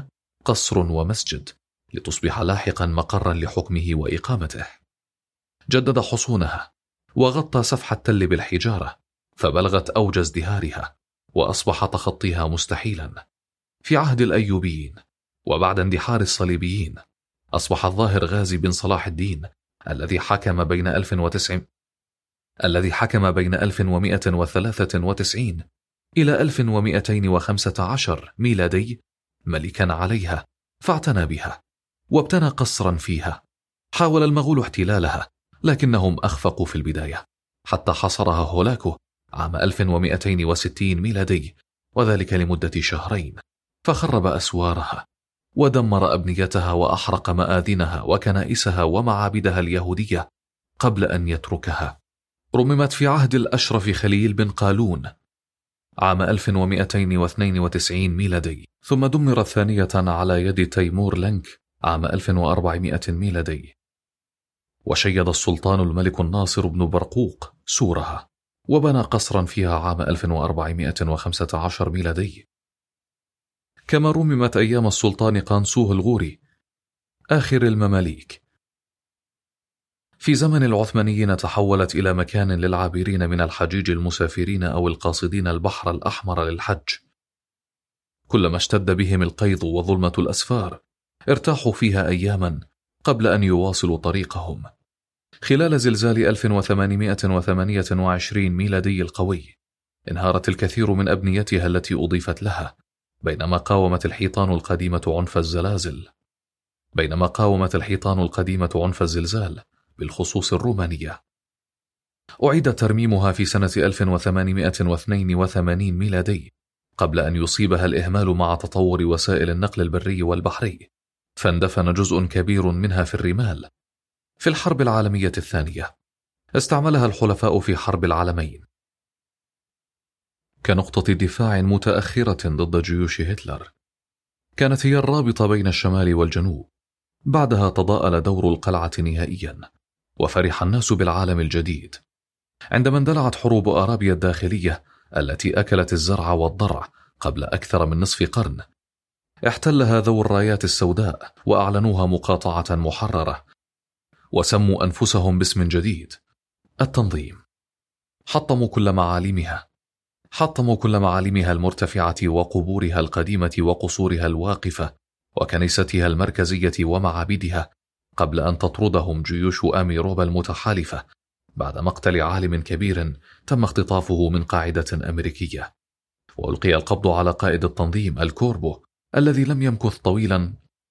قصر ومسجد، لتصبح لاحقا مقرا لحكمه وإقامته. جدد حصونها وغطى سفح التل بالحجارة فبلغت أوج ازدهارها، وأصبح تخطيها مستحيلا. في عهد الأيوبيين وبعد اندحار الصليبيين أصبح الظاهر غازي بن صلاح الدين الذي حكم بين ألف وتسعمائة الذي حكم بين ألف ومائة وثلاثة وتسعين إلى ألف ومائتين وخمسة عشر ميلادي ملكا عليها، فاعتنى بها وابتنى قصرا فيها. حاول المغول احتلالها لكنهم أخفقوا في البداية حتى حصرها هولاكو عام ألف ومائتين وستين ميلادي، وذلك لمدة شهرين، فخرب أسوارها ودمر أبنيتها وأحرق مآذنها وكنائسها ومعابدها اليهودية قبل أن يتركها. رممت في عهد الأشرف خليل بن قالون عام ألف ومائتين واثنين وتسعين ميلادي، ثم دمرت ثانية على يد تيمور لنك عام ألف وأربعمائة ميلادي. وشيد السلطان الملك الناصر بن برقوق سورها وبنى قصرا فيها عام ألف وأربعمائة وخمسة عشر ميلادي. كما رممت أيام السلطان قانسوه الغوري آخر المماليك. في زمن العثمانيين تحولت إلى مكان للعابرين من الحجيج المسافرين أو القاصدين البحر الأحمر للحج. كلما اشتد بهم القيض وظلمة الأسفار ارتاحوا فيها أياما قبل أن يواصلوا طريقهم. خلال زلزال ألف وثمانمائة وثمانية وعشرين ميلادي القوي انهارت الكثير من أبنيتها التي أضيفت لها، بينما قاومت الحيطان القديمة عنف الزلازل بينما قاومت الحيطان القديمة عنف الزلزال بالخصوص الرومانية. أعيد ترميمها في سنة ألف وثمانمائة واثنين وثمانين ميلادي قبل أن يصيبها الإهمال مع تطور وسائل النقل البري والبحري، فاندفن جزء كبير منها في الرمال. في الحرب العالمية الثانية استعملها الحلفاء في حرب العالمين كنقطة دفاع متأخرة ضد جيوش هتلر. كانت هي الرابطة بين الشمال والجنوب. بعدها تضاءل دور القلعة نهائيا، وفرح الناس بالعالم الجديد. عندما اندلعت حروب أرابيا الداخلية التي أكلت الزرع والضرع قبل أكثر من نصف قرن، احتلها ذو الرايات السوداء وأعلنوها مقاطعة محررة، وسموا أنفسهم باسم جديد: التنظيم. حطموا كل معالمها حطموا كل معالمها المرتفعة وقبورها القديمة وقصورها الواقفة وكنيستها المركزية ومعابدها قبل أن تطردهم جيوش آميروبا المتحالفة بعد مقتل عالم كبير تم اختطافه من قاعدة أمريكية. وألقي القبض على قائد التنظيم الكوربو الذي لم يمكث طويلا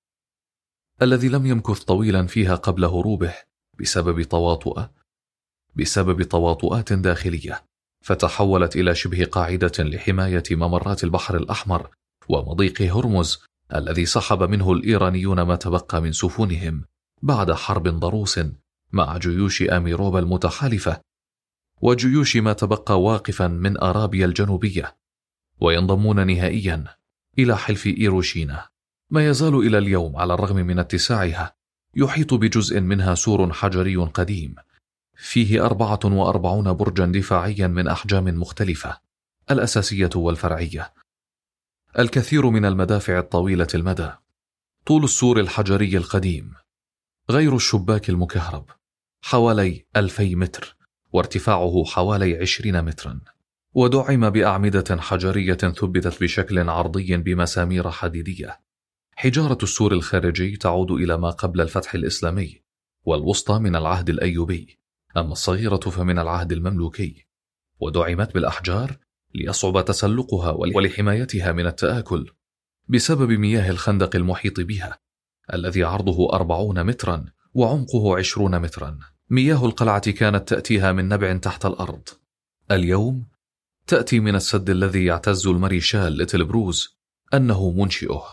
الذي لم يمكث طويلا فيها قبل هروبه بسبب تواطؤ بسبب تواطؤات داخلية، فتحولت إلى شبه قاعدة لحماية ممرات البحر الأحمر ومضيق هرمز الذي سحب منه الإيرانيون ما تبقى من سفنهم بعد حرب ضروس مع جيوش آميروبا المتحالفة وجيوش ما تبقى واقفا من أرابيا الجنوبية، وينضمون نهائيا إلى حلف إيروشينا. ما يزال إلى اليوم على الرغم من اتساعها يحيط بجزء منها سور حجري قديم فيه أربعة وأربعون برجا دفاعيا من أحجام مختلفة، الأساسية والفرعية. الكثير من المدافع الطويلة المدى. طول السور الحجري القديم غير الشباك المكهرب حوالي ألفي متر، وارتفاعه حوالي عشرين مترا، ودعم بأعمدة حجرية ثبتت بشكل عرضي بمسامير حديدية. حجارة السور الخارجي تعود إلى ما قبل الفتح الإسلامي، والوسطى من العهد الأيوبي، أما الصغيرة فمن العهد المملوكي، ودعمت بالأحجار ليصعب تسلقها ولحمايتها من التآكل بسبب مياه الخندق المحيط بها الذي عرضه أربعون مترا وعمقه عشرون مترا. مياه القلعة كانت تأتيها من نبع تحت الأرض، اليوم تأتي من السد الذي يعتز الماريشال ليتل بروز أنه منشئه.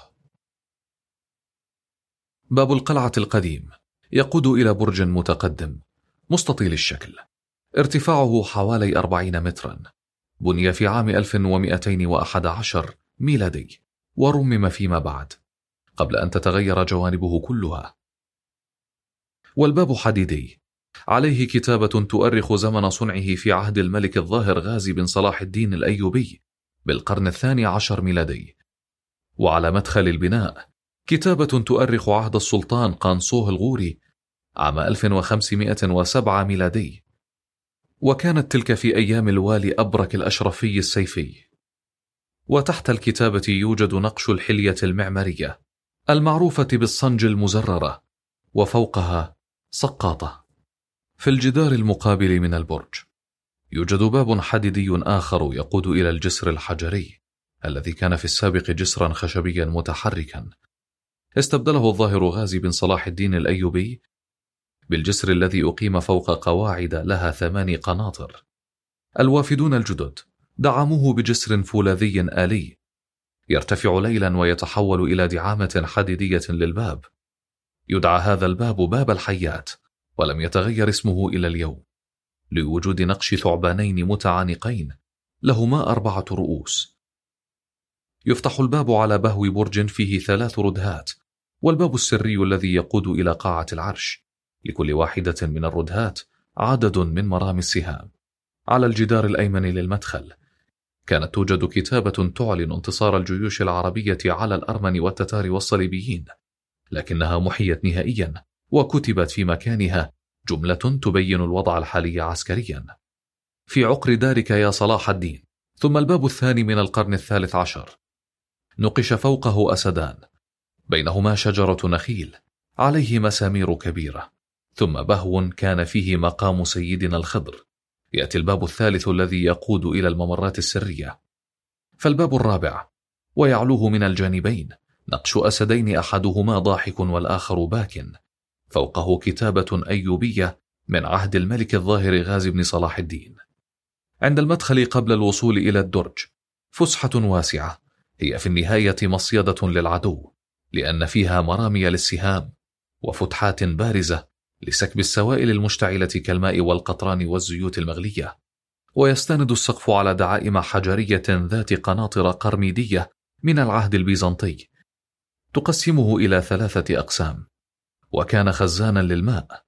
باب القلعة القديم يقود إلى برج متقدم مستطيل الشكل، ارتفاعه حوالي أربعين مترا، بني في عام ألف ومائتين وأحد عشر ميلادي، ورمم فيما بعد قبل أن تتغير جوانبه كلها. والباب حديدي، عليه كتابة تؤرخ زمن صنعه في عهد الملك الظاهر غازي بن صلاح الدين الأيوبي بالقرن الثاني عشر ميلادي. وعلى مدخل البناء كتابة تؤرخ عهد السلطان قانصوه الغوري عام ألف وخمسمائة وسبعة ميلادي، وكانت تلك في أيام الوالي أبرك الأشرفي السيفي. وتحت الكتابة يوجد نقش الحلية المعمارية المعروفة بالصنج المزررة، وفوقها سقاطة. في الجدار المقابل من البرج يوجد باب حديدي آخر يقود إلى الجسر الحجري الذي كان في السابق جسرا خشبيا متحركا، استبدله الظاهر غازي بن صلاح الدين الأيوبي بالجسر الذي أقيم فوق قواعد لها ثماني قناطر. الوافدون الجدد دعموه بجسر فولاذي آلي يرتفع ليلا ويتحول إلى دعامة حديدية للباب. يدعى هذا الباب باب الحيات، ولم يتغير اسمه إلى اليوم لوجود نقش ثعبانين متعانقين لهما أربعة رؤوس. يفتح الباب على بهو برج فيه ثلاث ردهات، والباب السري الذي يقود إلى قاعة العرش، لكل واحدة من الردهات عدد من مرامي السهام. على الجدار الأيمن للمدخل كانت توجد كتابة تعلن انتصار الجيوش العربية على الأرمن والتتار والصليبيين، لكنها محيت نهائيا وكتبت في مكانها جملة تبين الوضع الحالي عسكريا: في عقر دارك يا صلاح الدين. ثم الباب الثاني من القرن الثالث عشر نقش فوقه أسدان، بينهما شجرة نخيل عليه مسامير كبيرة، ثم بهو كان فيه مقام سيدنا الخضر. يأتي الباب الثالث الذي يقود إلى الممرات السرية. فالباب الرابع ويعلوه من الجانبين نقش أسدين أحدهما ضاحك والآخر باك، فوقه كتابة أيوبية من عهد الملك الظاهر غازي بن صلاح الدين. عند المدخل قبل الوصول إلى الدرج فسحة واسعة هي في النهاية مصيدة للعدو، لأن فيها مرامي للسهام وفتحات بارزة لسكب السوائل المشتعلة كالماء والقطران والزيوت المغلية. ويستند السقف على دعائم حجرية ذات قناطر قرميدية من العهد البيزنطي تقسمه إلى ثلاثة أقسام، وكان خزانا للماء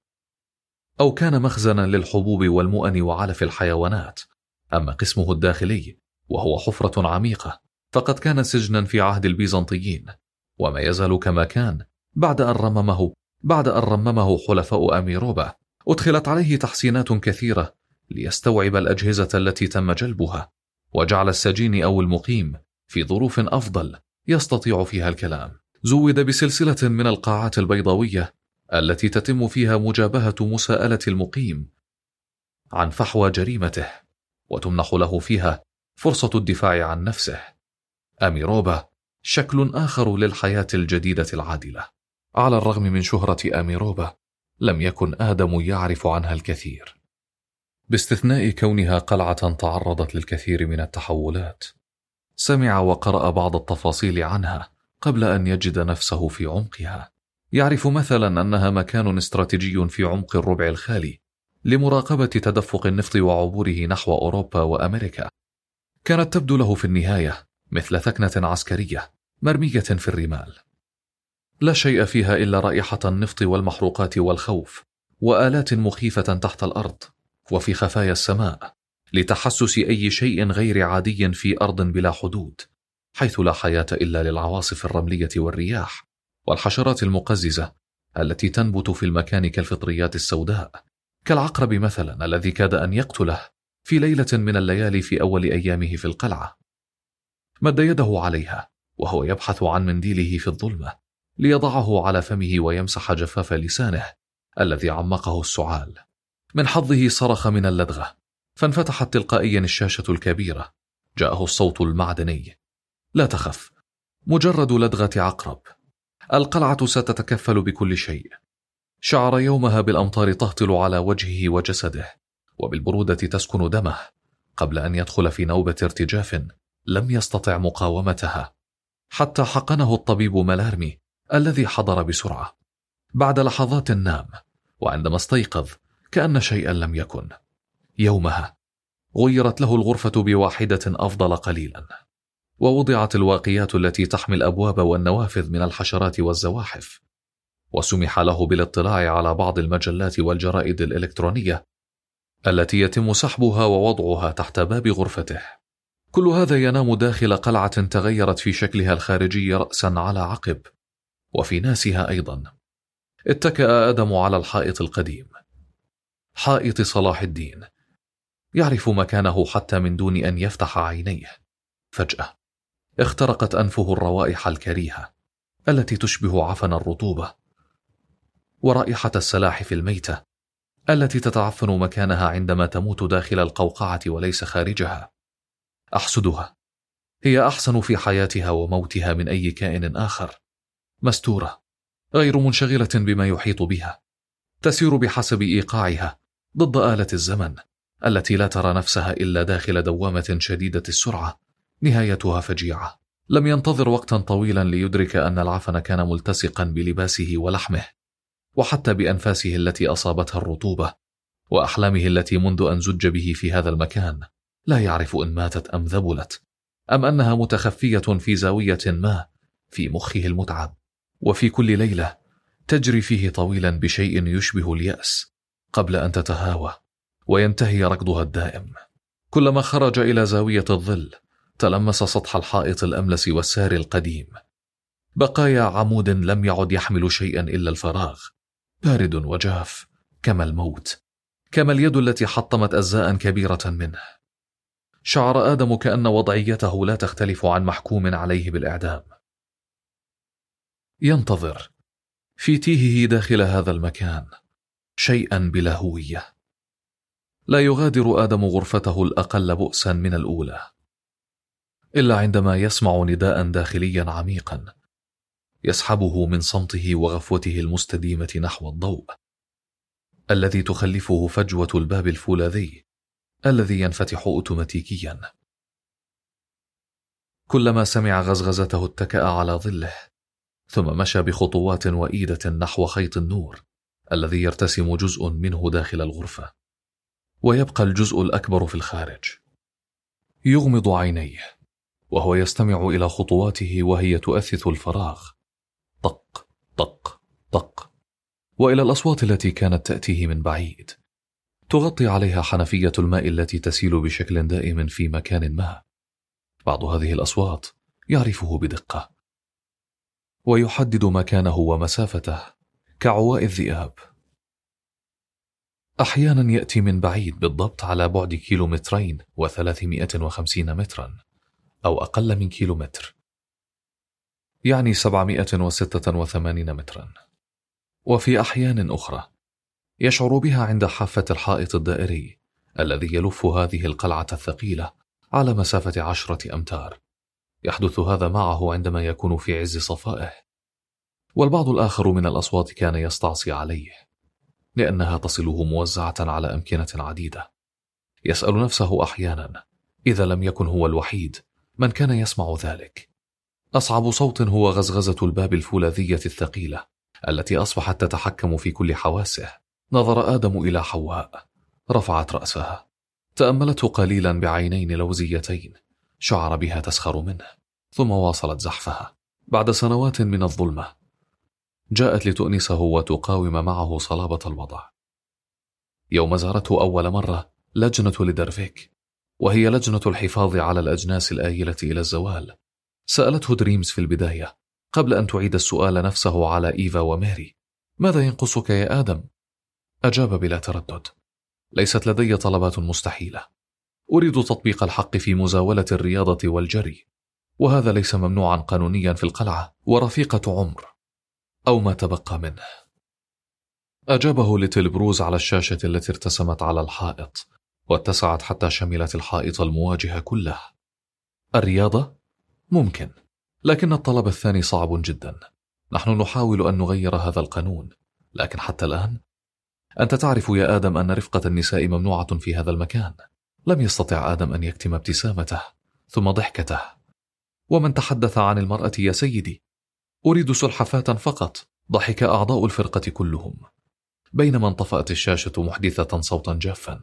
أو كان مخزنا للحبوب والمؤن وعلف الحيوانات. أما قسمه الداخلي وهو حفرة عميقة فقد كان سجنا في عهد البيزنطيين، وما يزال كما كان بعد أن رممه بعد أن رممه حلفاء أميروبا. أدخلت عليه تحسينات كثيرة ليستوعب الأجهزة التي تم جلبها، وجعل السجين أو المقيم في ظروف أفضل يستطيع فيها الكلام. زود بسلسلة من القاعات البيضاوية التي تتم فيها مجابهة مساءلة المقيم عن فحوى جريمته، وتمنح له فيها فرصة الدفاع عن نفسه. أميروبا شكل آخر للحياة الجديدة العادلة. على الرغم من شهرة أميروبا لم يكن آدم يعرف عنها الكثير، باستثناء كونها قلعة تعرضت للكثير من التحولات. سمع وقرأ بعض التفاصيل عنها قبل أن يجد نفسه في عمقها. يعرف مثلا أنها مكان استراتيجي في عمق الربع الخالي لمراقبة تدفق النفط وعبوره نحو أوروبا وأمريكا. كانت تبدو له في النهاية مثل ثكنة عسكرية مرمية في الرمال، لا شيء فيها إلا رائحة النفط والمحروقات والخوف وآلات مخيفة تحت الأرض وفي خفايا السماء لتحسس أي شيء غير عادي في أرض بلا حدود، حيث لا حياة إلا للعواصف الرملية والرياح والحشرات المقززة التي تنبت في المكان كالفطريات السوداء، كالعقرب مثلا الذي كاد أن يقتله في ليلة من الليالي في أول أيامه في القلعة. مد يده عليها وهو يبحث عن منديله في الظلمة ليضعه على فمه ويمسح جفاف لسانه الذي عمقه السعال. من حظه صرخ من اللدغة، فانفتحت تلقائيا الشاشة الكبيرة. جاءه الصوت المعدني: لا تخف، مجرد لدغة عقرب، القلعة ستتكفل بكل شيء. شعر يومها بالأمطار تهطل على وجهه وجسده، وبالبرودة تسكن دمه، قبل أن يدخل في نوبة ارتجاف لم يستطع مقاومتها، حتى حقنه الطبيب ملارمي الذي حضر بسرعة. بعد لحظات نام، وعندما استيقظ كأن شيئا لم يكن. يومها غيرت له الغرفة بواحدة أفضل قليلا، ووضعت الواقيات التي تحمي الأبواب والنوافذ من الحشرات والزواحف، وسمح له بالاطلاع على بعض المجلات والجرائد الإلكترونية التي يتم سحبها ووضعها تحت باب غرفته. كل هذا ينام داخل قلعة تغيرت في شكلها الخارجي رأسا على عقب، وفي ناسها أيضا. اتكأ آدم على الحائط القديم، حائط صلاح الدين، يعرف مكانه حتى من دون أن يفتح عينيه. فجأة اخترقت أنفه الروائح الكريهة التي تشبه عفن الرطوبة، ورائحة السلاحف الميتة التي تتعفن مكانها عندما تموت داخل القوقعة وليس خارجها. أحسدها، هي أحسن في حياتها وموتها من أي كائن آخر، مستورة، غير منشغلة بما يحيط بها، تسير بحسب إيقاعها ضد آلة الزمن التي لا ترى نفسها إلا داخل دوامة شديدة السرعة نهايتها فجيعة. لم ينتظر وقتا طويلا ليدرك أن العفن كان ملتصقا بلباسه ولحمه، وحتى بأنفاسه التي أصابتها الرطوبة، وأحلامه التي منذ أن زج به في هذا المكان لا يعرف إن ماتت أم ذبلت، أم أنها متخفية في زاوية ما في مخه المتعب. وفي كل ليلة تجري فيه طويلا بشيء يشبه اليأس قبل أن تتهاوى وينتهي ركضها الدائم. كلما خرج إلى زاوية الظل تلمس سطح الحائط الأملس والساري القديم، بقايا عمود لم يعد يحمل شيئا إلا الفراغ، بارد وجاف كما الموت، كما اليد التي حطمت أجزاء كبيرة منه. شعر آدم كأن وضعيته لا تختلف عن محكوم عليه بالإعدام. ينتظر في تيهه داخل هذا المكان شيئا بلا هوية. لا يغادر آدم غرفته الأقل بؤسا من الأولى، إلا عندما يسمع نداء داخليا عميقا يسحبه من صمته وغفوته المستديمة نحو الضوء الذي تخلفه فجوة الباب الفولاذي الذي ينفتح أوتوماتيكيا. كلما سمع غزغزته اتكأ على ظله، ثم مشى بخطوات وإيدة نحو خيط النور الذي يرتسم جزء منه داخل الغرفة ويبقى الجزء الأكبر في الخارج. يغمض عينيه وهو يستمع إلى خطواته وهي تؤثث الفراغ، طق طق طق، وإلى الأصوات التي كانت تأتيه من بعيد تغطي عليها حنفية الماء التي تسيل بشكل دائم في مكان ما. بعض هذه الأصوات يعرفه بدقة ويحدد مكانه ومسافته كعواء الذئاب. أحيانا يأتي من بعيد بالضبط على بعد كيلومترين وثلاثمائة وخمسين مترا أو أقل من كيلومتر، يعني سبعمائة وستة وثمانين مترا. وفي أحيان أخرى يشعر بها عند حافة الحائط الدائري الذي يلف هذه القلعة الثقيلة على مسافة عشرة أمتار. يحدث هذا معه عندما يكون في عز صفائه. والبعض الآخر من الأصوات كان يستعصي عليه لأنها تصله موزعة على أمكنة عديدة. يسأل نفسه أحيانا إذا لم يكن هو الوحيد من كان يسمع ذلك. أصعب صوت هو غزغزة الباب الفولاذية الثقيلة التي أصبحت تتحكم في كل حواسه. نظر آدم إلى حواء، رفعت رأسها، تأملته قليلا بعينين لوزيتين شعر بها تسخر منه، ثم واصلت زحفها. بعد سنوات من الظلمة جاءت لتؤنسه وتقاوم معه صلابة الوضع. يوم زارته أول مرة لجنة ليدرفيك، وهي لجنة الحفاظ على الأجناس الآيلة إلى الزوال، سألته دريمز في البداية قبل أن تعيد السؤال نفسه على إيفا وماري: ماذا ينقصك يا آدم؟ أجاب بلا تردد: ليست لدي طلبات مستحيلة، أريد تطبيق الحق في مزاولة الرياضة والجري، وهذا ليس ممنوعا قانونيا في القلعة، ورفيقة عمر أو ما تبقى منه. أجابه ليتل بروز على الشاشة التي ارتسمت على الحائط واتسعت حتى شملت الحائط المواجه كله. الرياضة؟ ممكن، لكن الطلب الثاني صعب جدا. نحن نحاول أن نغير هذا القانون، لكن حتى الآن أنت تعرف يا آدم أن رفقة النساء ممنوعة في هذا المكان. لم يستطع آدم أن يكتم ابتسامته ثم ضحكته. ومن تحدث عن المرأة يا سيدي؟ أريد سلحفاة فقط. ضحك أعضاء الفرقة كلهم، بينما انطفأت الشاشة محدثة صوتا جافا.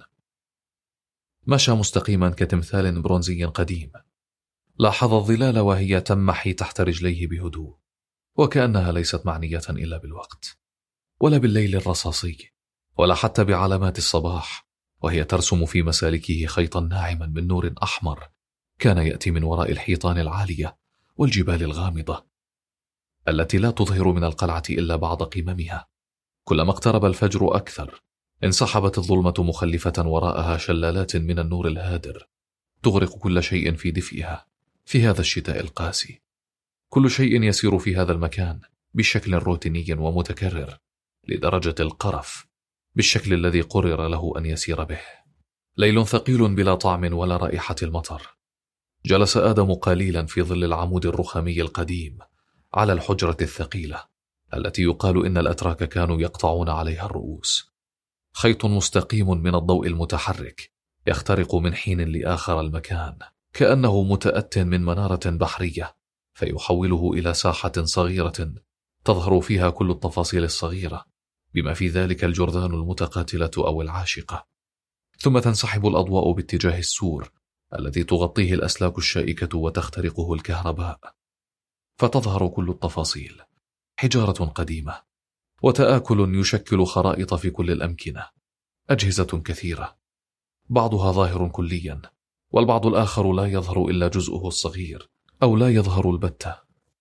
مشى مستقيما كتمثال برونزي قديم. لاحظ الظلال وهي تمحي تحت رجليه بهدوء، وكأنها ليست معنية إلا بالوقت، ولا بالليل الرصاصي، ولا حتى بعلامات الصباح، وهي ترسم في مسالكه خيطا ناعما من نور أحمر كان يأتي من وراء الحيطان العالية والجبال الغامضة. التي لا تظهر من القلعة إلا بعض قممها. كلما اقترب الفجر أكثر انسحبت الظلمة مخلفة وراءها شلالات من النور الهادر تغرق كل شيء في دفئها في هذا الشتاء القاسي. كل شيء يسير في هذا المكان بشكل روتيني ومتكرر لدرجة القرف بالشكل الذي قرر له أن يسير به. ليل ثقيل بلا طعم ولا رائحة المطر. جلس آدم قليلا في ظل العمود الرخامي القديم على الحجرة الثقيلة التي يقال إن الأتراك كانوا يقطعون عليها الرؤوس. خيط مستقيم من الضوء المتحرك يخترق من حين لآخر المكان كأنه متأت من منارة بحرية فيحوله إلى ساحة صغيرة تظهر فيها كل التفاصيل الصغيرة بما في ذلك الجرذان المتقاتلة أو العاشقة. ثم تنسحب الأضواء باتجاه السور الذي تغطيه الأسلاك الشائكة وتخترقه الكهرباء، فتظهر كل التفاصيل: حجارة قديمة وتآكل يشكل خرائط في كل الأمكنة، أجهزة كثيرة بعضها ظاهر كليا والبعض الآخر لا يظهر إلا جزءه الصغير أو لا يظهر البتة.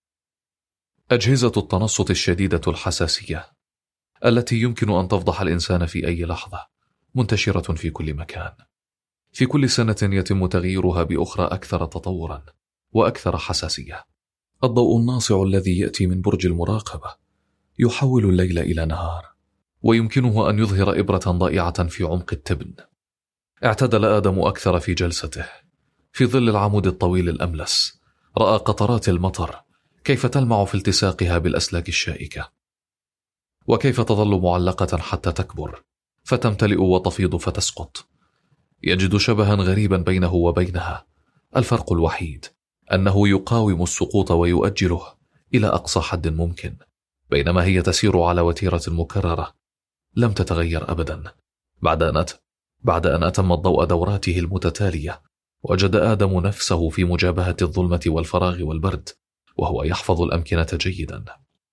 أجهزة التنصت الشديدة الحساسية التي يمكن أن تفضح الإنسان في أي لحظة منتشرة في كل مكان. في كل سنة يتم تغييرها بأخرى أكثر تطورا وأكثر حساسية. الضوء الناصع الذي يأتي من برج المراقبة يحول الليل إلى نهار ويمكنه أن يظهر إبرة ضائعة في عمق التبن. اعتدل آدم أكثر في جلسته في ظل العمود الطويل الأملس. رأى قطرات المطر كيف تلمع في التصاقها بالأسلاك الشائكة وكيف تظل معلقة حتى تكبر فتمتلئ وتفيض فتسقط. يجد شبها غريبا بينه وبينها، الفرق الوحيد أنه يقاوم السقوط ويؤجله إلى أقصى حد ممكن، بينما هي تسير على وتيرة مكررة لم تتغير أبدا. بعد أن أت... بعد أن أتم الضوء دوراته المتتالية وجد آدم نفسه في مجابهة الظلمة والفراغ والبرد وهو يحفظ الأمكنة جيدا.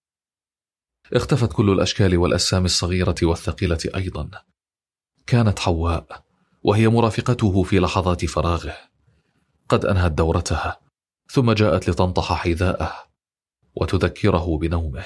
اختفت كل الأشكال والأجسام الصغيرة والثقيلة أيضا. كانت حواء وهي مرافقته في لحظات فراغه قد أنهت دورتها ثم جاءت لتنطح حذاءه وتذكره بنومه.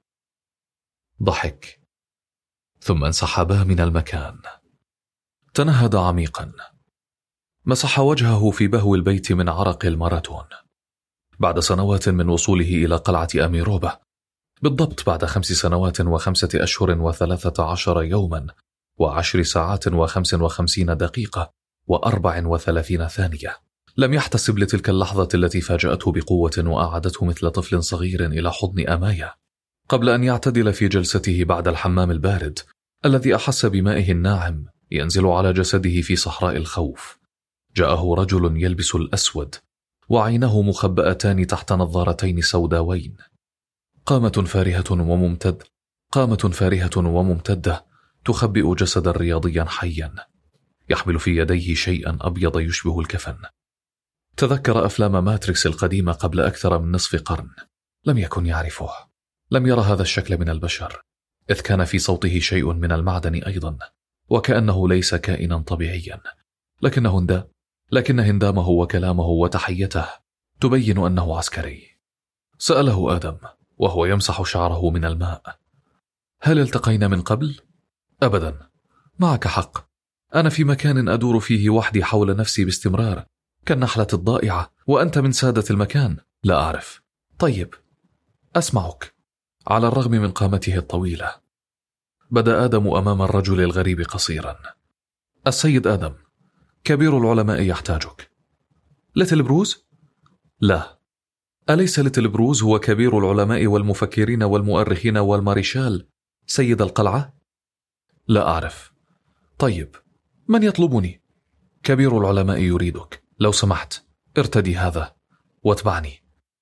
ضحك ثم انسحبا من المكان. تنهد عميقا، مسح وجهه في بهو البيت من عرق الماراثون. بعد سنوات من وصوله إلى قلعة أميروبا، بالضبط بعد خمس سنوات وخمسة أشهر وثلاثة عشر يوما وعشر ساعات وخمس وخمسين دقيقة وأربع وثلاثين ثانية، لم يحتسب لتلك اللحظة التي فاجأته بقوة وأعادته مثل طفل صغير إلى حضن أمايا. قبل أن يعتدل في جلسته بعد الحمام البارد الذي أحس بمائه الناعم ينزل على جسده في صحراء الخوف، جاءه رجل يلبس الأسود وعينه مخبأتان تحت نظارتين سوداوين. قامة فارهة وممتد قامة فارهة وممتدة تخبئ جسدا رياضيا حيا يحمل في يديه شيئا أبيض يشبه الكفن. تذكر أفلام ماتريكس القديمة قبل أكثر من نصف قرن. لم يكن يعرفه، لم يرى هذا الشكل من البشر، إذ كان في صوته شيء من المعدن أيضا وكأنه ليس كائنا طبيعيا. لكن هندا لكن هندامه وكلامه وتحيته تبين أنه عسكري. سأله آدم وهو يمسح شعره من الماء: هل التقينا من قبل؟ أبدا. معك حق، أنا في مكان أدور فيه وحدي حول نفسي باستمرار كالنحلة الضائعة، وأنت من سادة المكان. لا أعرف. طيب، أسمعك. على الرغم من قامته الطويلة بدأ آدم أمام الرجل الغريب قصيرا. السيد آدم، كبير العلماء يحتاجك. ليتل بروز؟ لا. أليس ليتل بروز هو كبير العلماء والمفكرين والمؤرخين والماريشال سيد القلعة؟ لا أعرف. طيب، من يطلبني؟ كبير العلماء يريدك، لو سمحت ارتدي هذا واتبعني.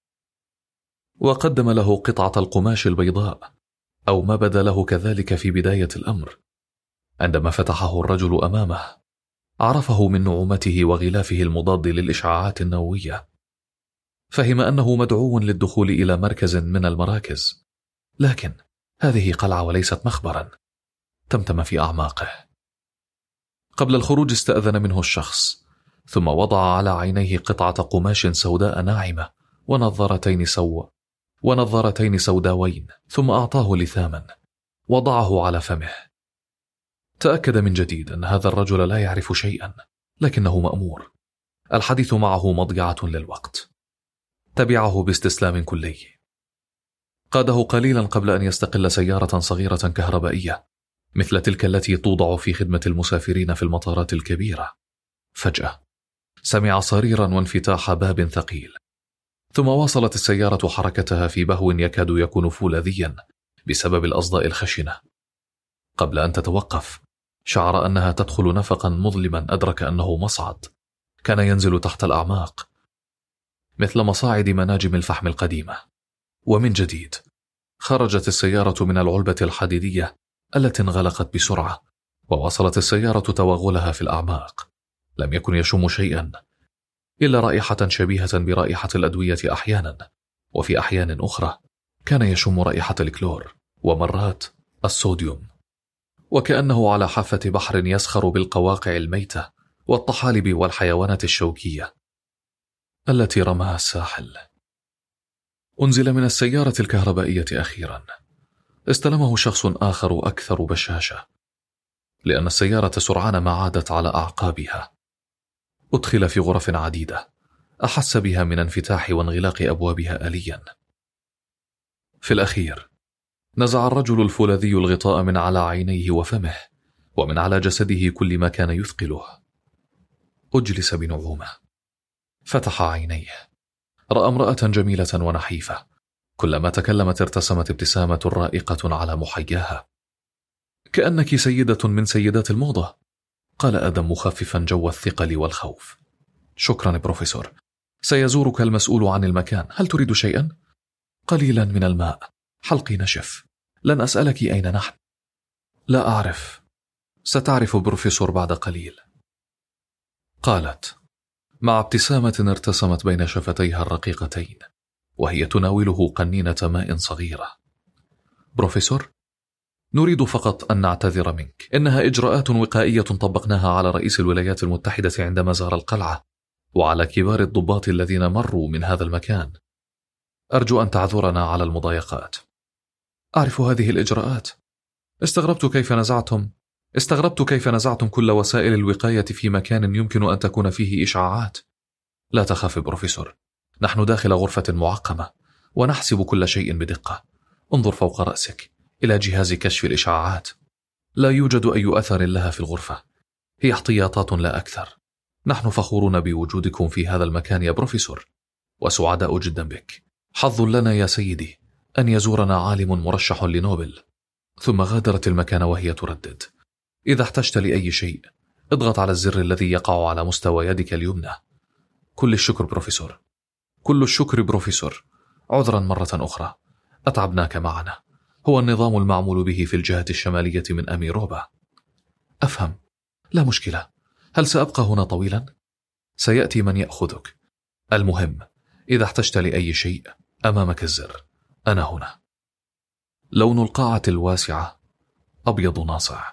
وقدم له قطعة القماش البيضاء، أو ما بدا له كذلك في بداية الأمر. عندما فتحه الرجل أمامه عرفه من نعومته وغلافه المضاد للإشعاعات النووية. فهم أنه مدعو للدخول إلى مركز من المراكز، لكن هذه قلعة وليست مخبرا. تمتم في أعماقه. قبل الخروج استأذن منه الشخص، ثم وضع على عينيه قطعة قماش سوداء ناعمة ونظارتين سوا ونظارتين سوداوين، ثم أعطاه لثاما وضعه على فمه. تأكد من جديد أن هذا الرجل لا يعرف شيئا، لكنه مأمور. الحديث معه مضيعة للوقت. تبعه باستسلام كلي. قاده قليلا قبل أن يستقل سيارة صغيرة كهربائية مثل تلك التي توضع في خدمة المسافرين في المطارات الكبيرة. فجأة سمع صريرا وانفتاح باب ثقيل، ثم واصلت السيارة حركتها في بهو يكاد يكون فولاذيا بسبب الأصداء الخشنة. قبل أن تتوقف شعر أنها تدخل نفقا مظلما، أدرك أنه مصعد كان ينزل تحت الأعماق مثل مصاعد مناجم الفحم القديمة. ومن جديد خرجت السيارة من العلبة الحديدية التي انغلقت بسرعة، وواصلت السيارة توغلها في الأعماق. لم يكن يشم شيئا إلا رائحة شبيهة برائحة الأدوية أحيانا، وفي أحيان أخرى كان يشم رائحة الكلور، ومرات الصوديوم، وكأنه على حافة بحر يسخر بالقواقع الميتة والطحالب والحيوانات الشوكية التي رماها الساحل. أنزل من السيارة الكهربائية أخيرا. استلمه شخص آخر أكثر بشاشة، لأن السيارة سرعان ما عادت على أعقابها. أدخل في غرف عديدة، أحس بها من انفتاح وانغلاق أبوابها آليا. في الأخير نزع الرجل الفولاذي الغطاء من على عينيه وفمه ومن على جسده كل ما كان يثقله. أجلس بنعومة. فتح عينيه، رأى امرأة جميلة ونحيفة، كلما تكلمت ارتسمت ابتسامة رائقة على محياها. كأنك سيدة من سيدات الموضة، قال آدم مخففا جو الثقل والخوف. شكرا بروفيسور، سيزورك المسؤول عن المكان. هل تريد شيئا؟ قليلا من الماء، حلقي نشف. لن أسألك أين نحن. لا أعرف، ستعرف بروفيسور بعد قليل، قالت مع ابتسامة ارتسمت بين شفتيها الرقيقتين وهي تناوله قنينة ماء صغيرة. بروفيسور، نريد فقط أن نعتذر منك. إنها إجراءات وقائية طبقناها على رئيس الولايات المتحدة عندما زار القلعة، وعلى كبار الضباط الذين مروا من هذا المكان. أرجو أن تعذرنا على المضايقات. أعرف هذه الإجراءات. استغربت كيف نزعتم استغربت كيف نزعتم كل وسائل الوقاية في مكان يمكن أن تكون فيه إشعاعات. لا تخاف بروفيسور، نحن داخل غرفة معقمة ونحسب كل شيء بدقة. انظر فوق رأسك إلى جهاز كشف الإشعاعات. لا يوجد أي أثر لها في الغرفة، هي احتياطات لا أكثر. نحن فخورون بوجودكم في هذا المكان يا بروفيسور، وسعداء جدا بك. حظ لنا يا سيدي أن يزورنا عالم مرشح لنوبل. ثم غادرت المكان وهي تردد: إذا احتجت لأي شيء اضغط على الزر الذي يقع على مستوى يدك اليمنى. كل الشكر بروفيسور. كل الشكر بروفيسور. عذرا مرة أخرى، أتعبناك معنا. هو النظام المعمول به في الجهة الشمالية من أميروبا. أفهم، لا مشكلة. هل سأبقى هنا طويلا؟ سيأتي من يأخذك. المهم إذا احتجت لأي شيء أمامك الزر، أنا هنا. لون القاعة الواسعة أبيض ناصع،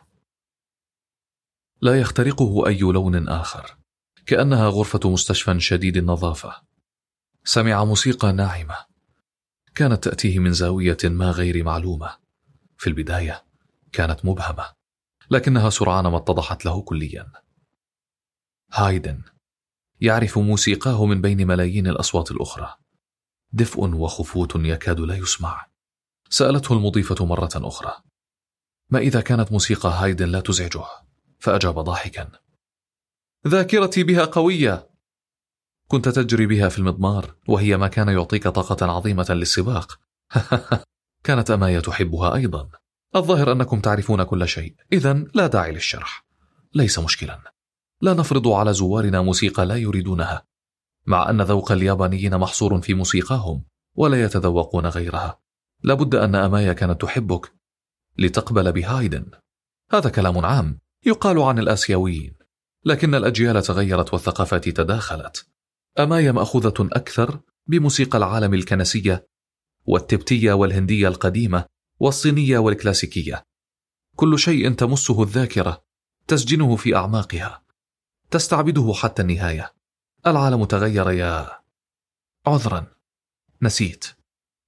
لا يخترقه أي لون آخر، كأنها غرفة مستشفى شديد النظافة. سمع موسيقى ناعمة كانت تأتيه من زاوية ما غير معلومة. في البداية كانت مبهمة، لكنها سرعان ما اتضحت له كليا. هايدن يعرف موسيقاه من بين ملايين الأصوات الأخرى، دفء وخفوت يكاد لا يسمع. سألته المضيفة مرة أخرى ما إذا كانت موسيقى هايدن لا تزعجه، فأجاب ضاحكا: ذاكرتي بها قوية، كنت تجري بها في المضمار وهي ما كان يعطيك طاقة عظيمة للسباق. كانت أمايا تحبها أيضا. الظاهر أنكم تعرفون كل شيء، إذن لا داعي للشرح. ليس مشكلا، لا نفرض على زوارنا موسيقى لا يريدونها، مع أن ذوق اليابانيين محصور في موسيقاهم ولا يتذوقون غيرها. لابد أن أمايا كانت تحبك لتقبل بهايدن. هذا كلام عام يقال عن الآسيويين، لكن الأجيال تغيرت والثقافات تداخلت. أمايا مأخوذة أكثر بموسيقى العالم الكنسية والتبتية والهندية القديمة والصينية والكلاسيكية. كل شيء تمسه الذاكرة تسجنه في أعماقها، تستعبده حتى النهاية. العالم تغير يا عذرا، نسيت.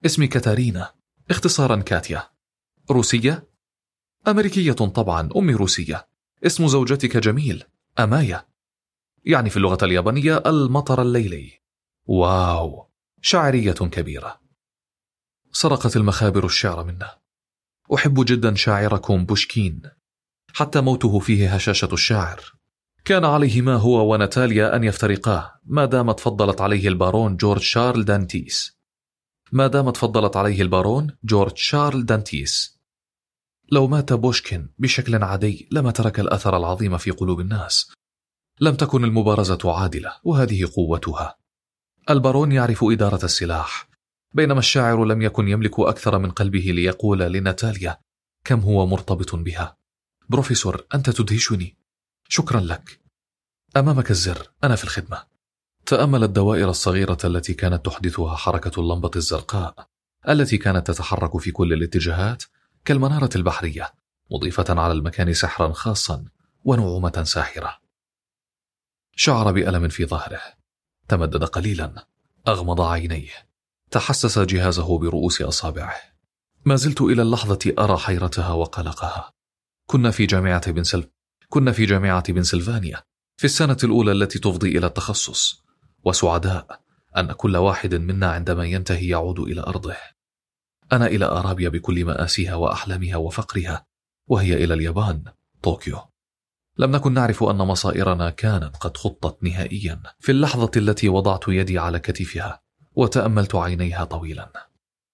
اسمي كاتارينا، اختصارا كاتيا. روسية؟ أمريكية طبعا، أمي روسية. اسم زوجتك جميل، أمايا، يعني في اللغة اليابانية المطر الليلي. واو، شاعرية كبيرة. سرقت المخابر الشعر منه. أحب جدا شاعركم بوشكين، حتى موته فيه هشاشة الشاعر. كان عليهما هو وناتاليا أن يفترقاه ما دامت فضلت عليه البارون جورج شارل دانتيس. ما دامت فضلت عليه البارون جورج شارل دانتيس. لو مات بوشكين بشكل عادي لما ترك الأثر العظيم في قلوب الناس. لم تكن المبارزة عادلة، وهذه قوتها. البارون يعرف إدارة السلاح، بينما الشاعر لم يكن يملك أكثر من قلبه ليقول لناتاليا كم هو مرتبط بها. بروفيسور، أنت تدهشني. شكرا لك. أمامك الزر، أنا في الخدمة. تأمل الدوائر الصغيرة التي كانت تحدثها حركة اللمبة الزرقاء التي كانت تتحرك في كل الاتجاهات كالمنارة البحرية، مضيفة على المكان سحرا خاصا ونعومة ساحرة. شعر بألم في ظهره، تمدد قليلا، أغمض عينيه، تحسس جهازه برؤوس أصابعه. ما زلت إلى اللحظة أرى حيرتها وقلقها. كنا في جامعة بنسل... كنا في جامعة بنسلفانيا في السنة الأولى التي تفضي إلى التخصص، وسعداء أن كل واحد منا عندما ينتهي يعود إلى أرضه. أنا إلى أرابيا بكل مآسيها وأحلامها وفقرها، وهي إلى اليابان، طوكيو. لم نكن نعرف أن مصائرنا كانت قد خطت نهائيا في اللحظة التي وضعت يدي على كتفها وتأملت عينيها طويلا.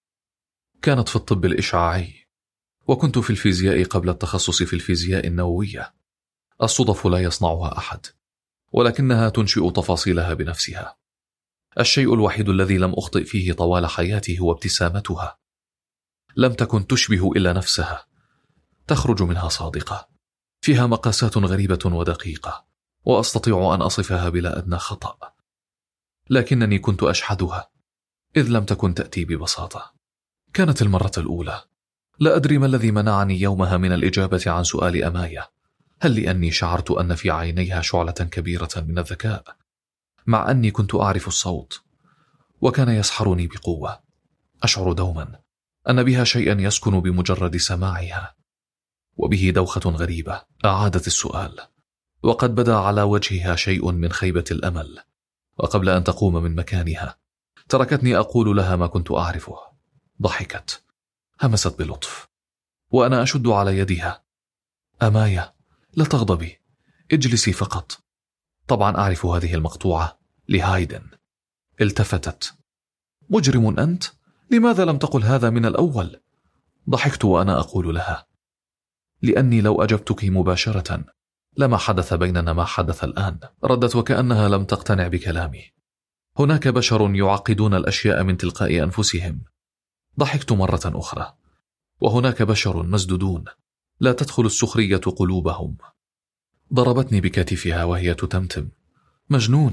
كانت في الطب الإشعاعي، وكنت في الفيزياء قبل التخصص في الفيزياء النووية. الصدف لا يصنعها أحد، ولكنها تنشئ تفاصيلها بنفسها. الشيء الوحيد الذي لم أخطئ فيه طوال حياتي هو ابتسامتها. لم تكن تشبه إلا نفسها، تخرج منها صادقة، فيها مقاسات غريبة ودقيقة، وأستطيع أن أصفها بلا أدنى خطأ. لكنني كنت أشحذها، إذ لم تكن تأتي ببساطة. كانت المرة الأولى. لا أدري ما الذي منعني يومها من الإجابة عن سؤال أمايا. هل لأني شعرت أن في عينيها شعلة كبيرة من الذكاء، مع أني كنت أعرف الصوت، وكان يسحرني بقوة. أشعر دوما أن بها شيئا يسكن بمجرد سماعها، وبه دوخة غريبة. أعادت السؤال، وقد بدا على وجهها شيء من خيبة الأمل، وقبل أن تقوم من مكانها تركتني أقول لها ما كنت أعرفه. ضحكت، همست بلطف، وأنا أشد على يدها. أمايا، لا تغضبي، اجلسي فقط. طبعا أعرف هذه المقطوعة لهايدن. التفتت. مجرم أنت؟ لماذا لم تقل هذا من الأول؟ ضحكت وأنا أقول لها لأني لو أجبتك مباشرة لما حدث بيننا ما حدث الآن. ردت وكأنها لم تقتنع بكلامي. هناك بشر يعقدون الأشياء من تلقاء أنفسهم. ضحكت مرة أخرى. وهناك بشر مسدودون لا تدخل السخرية قلوبهم. ضربتني بكتفها وهي تتمتم. مجنون.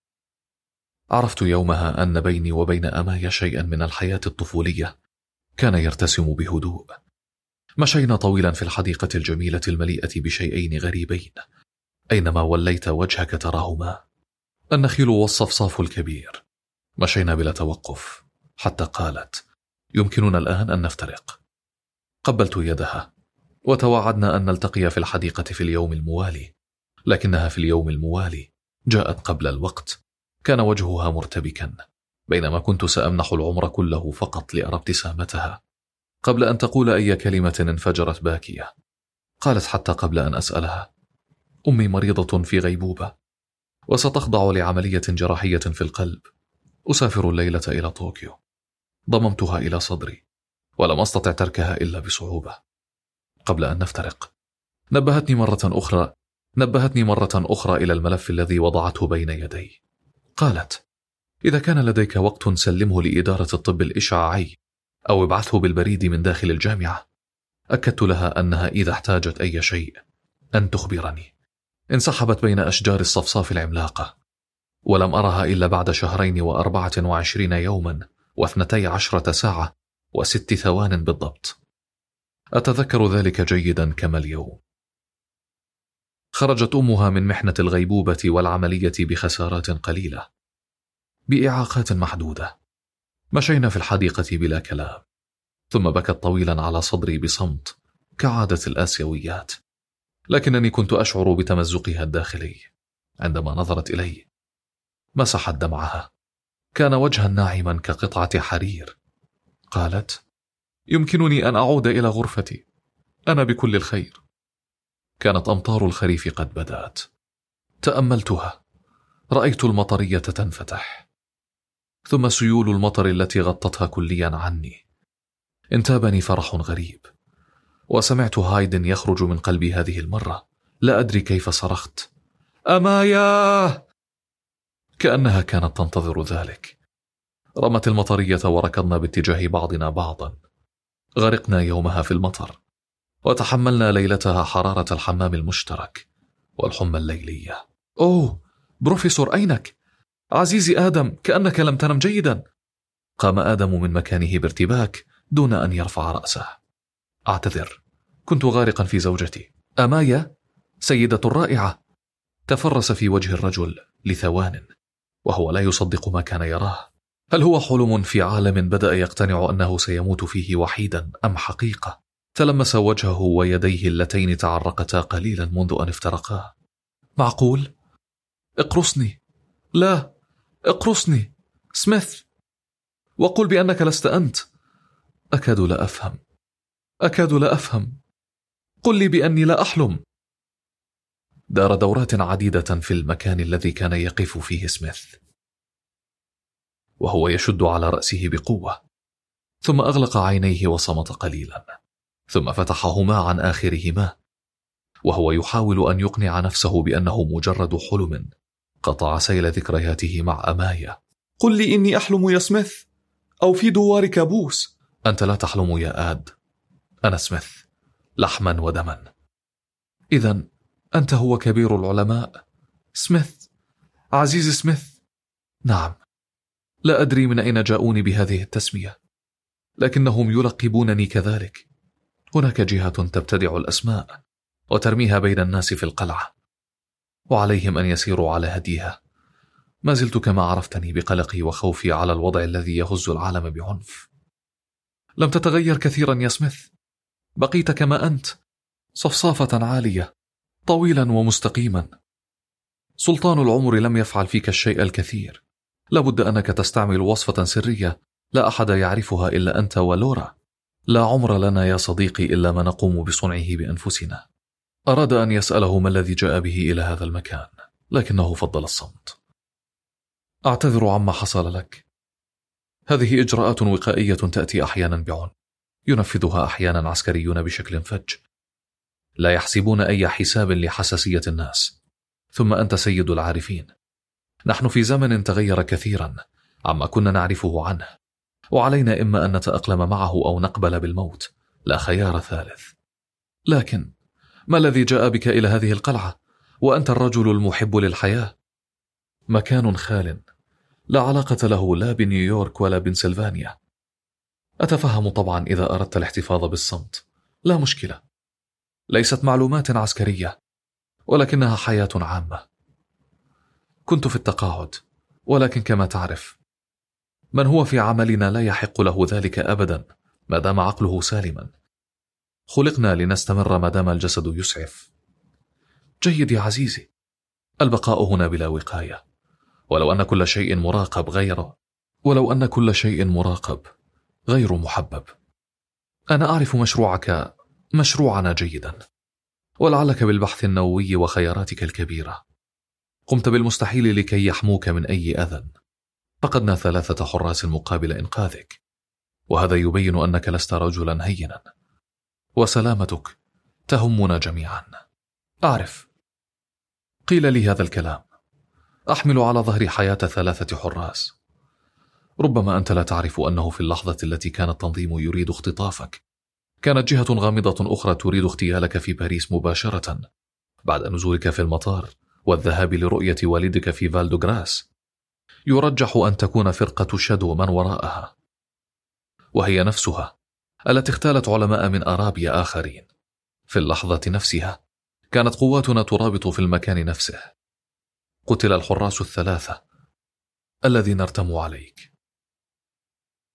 عرفت يومها أن بيني وبين أمايا شيئا من الحياة الطفولية كان يرتسم بهدوء. مشينا طويلا في الحديقة الجميلة المليئة بشيئين غريبين أينما وليت وجهك تراهما، النخيل والصفصاف الكبير. مشينا بلا توقف حتى قالت يمكننا الآن أن نفترق. قبلت يدها وتوعدنا أن نلتقي في الحديقة في اليوم الموالي، لكنها في اليوم الموالي جاءت قبل الوقت. كان وجهها مرتبكا، بينما كنت سأمنح العمر كله فقط لأرى ابتسامتها. قبل أن تقول أي كلمة انفجرت باكية. قالت حتى قبل أن أسألها أمي مريضة في غيبوبة وستخضع لعملية جراحية في القلب. أسافر الليلة إلى طوكيو. ضممتها إلى صدري ولم أستطع تركها إلا بصعوبة. قبل أن نفترق نبهتني مرة أخرى نبهتني مرة أخرى إلى الملف الذي وضعته بين يدي. قالت إذا كان لديك وقت سلمه لإدارة الطب الإشعاعي أو ابعثه بالبريد من داخل الجامعة. أكدت لها أنها إذا احتاجت أي شيء أن تخبرني. انسحبت بين أشجار الصفصاف العملاقة، ولم أرها إلا بعد شهرين وأربعة وعشرين يوما واثنتي عشرة ساعة وست ثوان بالضبط. أتذكر ذلك جيدا كما اليوم. خرجت أمها من محنة الغيبوبة والعملية بخسارات قليلة، بإعاقات محدودة. مشينا في الحديقة بلا كلام، ثم بكت طويلا على صدري بصمت كعادة الآسيويات، لكنني كنت أشعر بتمزقها الداخلي. عندما نظرت إلي مسحت دمعها، كان وجها ناعما كقطعة حرير. قالت: يمكنني أن أعود إلى غرفتي، أنا بكل الخير. كانت أمطار الخريف قد بدأت. تأملتها، رأيت المطرية تنفتح، ثم سيول المطر التي غطتها كليا عني. انتابني فرح غريب، وسمعت هايدن يخرج من قلبي هذه المرة. لا أدري كيف صرخت: أمايا! كأنها كانت تنتظر ذلك. رمت المطرية وركضنا باتجاه بعضنا بعضا. غرقنا يومها في المطر، وتحملنا ليلتها حرارة الحمام المشترك والحمى الليلية. أوه بروفيسور، أينك؟ عزيزي آدم، كأنك لم تنم جيدا. قام آدم من مكانه بارتباك دون أن يرفع رأسه. أعتذر، كنت غارقا في زوجتي. أمايا سيدة رائعة. تفرس في وجه الرجل لثوان وهو لا يصدق ما كان يراه. هل هو حلم في عالم بدأ يقتنع أنه سيموت فيه وحيدا، أم حقيقة؟ تلمس وجهه ويديه اللتين تعرقتا قليلا منذ أن افترقا. معقول؟ اقرصني. لا، اقرصني سميث، وقل بأنك لست أنت. أكاد لا أفهم، أكاد لا أفهم. قل لي بأني لا أحلم. دار دورات عديدة في المكان الذي كان يقف فيه سميث، وهو يشد على رأسه بقوة، ثم أغلق عينيه وصمت قليلا، ثم فتحهما عن آخرهما وهو يحاول أن يقنع نفسه بأنه مجرد حلم قطع سيل ذكرياته مع أمايا. قل لي إني أحلم يا سميث، أو في دوار كابوس. أنت لا تحلم يا آد، أنا سميث، لحما ودما. إذن أنت هو كبير العلماء سميث، عزيز سميث. نعم، لا أدري من أين جاءوني بهذه التسمية، لكنهم يلقبونني كذلك. هناك جهة تبتدع الأسماء وترميها بين الناس في القلعة، وعليهم أن يسيروا على هديها. ما زلت كما عرفتني بقلقي وخوفي على الوضع الذي يهز العالم بعنف. لم تتغير كثيرا يا سميث، بقيت كما أنت، صفصافة عالية، طويلا ومستقيما. سلطان العمر لم يفعل فيك الشيء الكثير. لابد أنك تستعمل وصفة سرية لا أحد يعرفها إلا أنت ولورا. لا عمر لنا يا صديقي إلا ما نقوم بصنعه بأنفسنا. أراد أن يسأله ما الذي جاء به إلى هذا المكان، لكنه فضل الصمت. أعتذر عما حصل لك. هذه إجراءات وقائية تأتي أحيانا بعنف، ينفذها أحيانا عسكريون بشكل فج، لا يحسبون أي حساب لحساسية الناس. ثم أنت سيد العارفين، نحن في زمن تغير كثيرا عما كنا نعرفه عنه، وعلينا إما أن نتأقلم معه أو نقبل بالموت، لا خيار ثالث. لكن ما الذي جاء بك إلى هذه القلعة وأنت الرجل المحب للحياة؟ مكان خال لا علاقة له لا بنيويورك ولا بنسلفانيا. أتفهم طبعا إذا أردت الاحتفاظ بالصمت، لا مشكلة. ليست معلومات عسكرية، ولكنها حياة عامة. كنت في التقاعد، ولكن كما تعرف من هو في عملنا لا يحق له ذلك أبدا ما دام عقله سالما. خلقنا لنستمر ما دام الجسد يسعف. جيد يا عزيزي، البقاء هنا بلا وقاية، ولو أن كل شيء مراقب غير ولو أن كل شيء مراقب غير محبب. أنا أعرف مشروعك مشروعنا جيدا، ولعلك بالبحث النووي وخياراتك الكبيرة قمت بالمستحيل لكي يحموك من أي أذى. فقدنا ثلاثة حراس مقابل إنقاذك، وهذا يبين أنك لست رجلا هينا، وسلامتك تهمنا جميعا. أعرف، قيل لي هذا الكلام. أحمل على ظهري حياة ثلاثة حراس. ربما أنت لا تعرف أنه في اللحظة التي كان التنظيم يريد اختطافك، كانت جهة غامضة أخرى تريد اغتيالك في باريس مباشرة بعد نزولك في المطار والذهاب لرؤية والدك في فالدوغراس. يرجح أن تكون فرقة شادو من وراءها، وهي نفسها التي اغتالت علماء من أرابيا آخرين. في اللحظة نفسها كانت قواتنا ترابط في المكان نفسه. قتل الحراس الثلاثة الذين ارتموا عليك.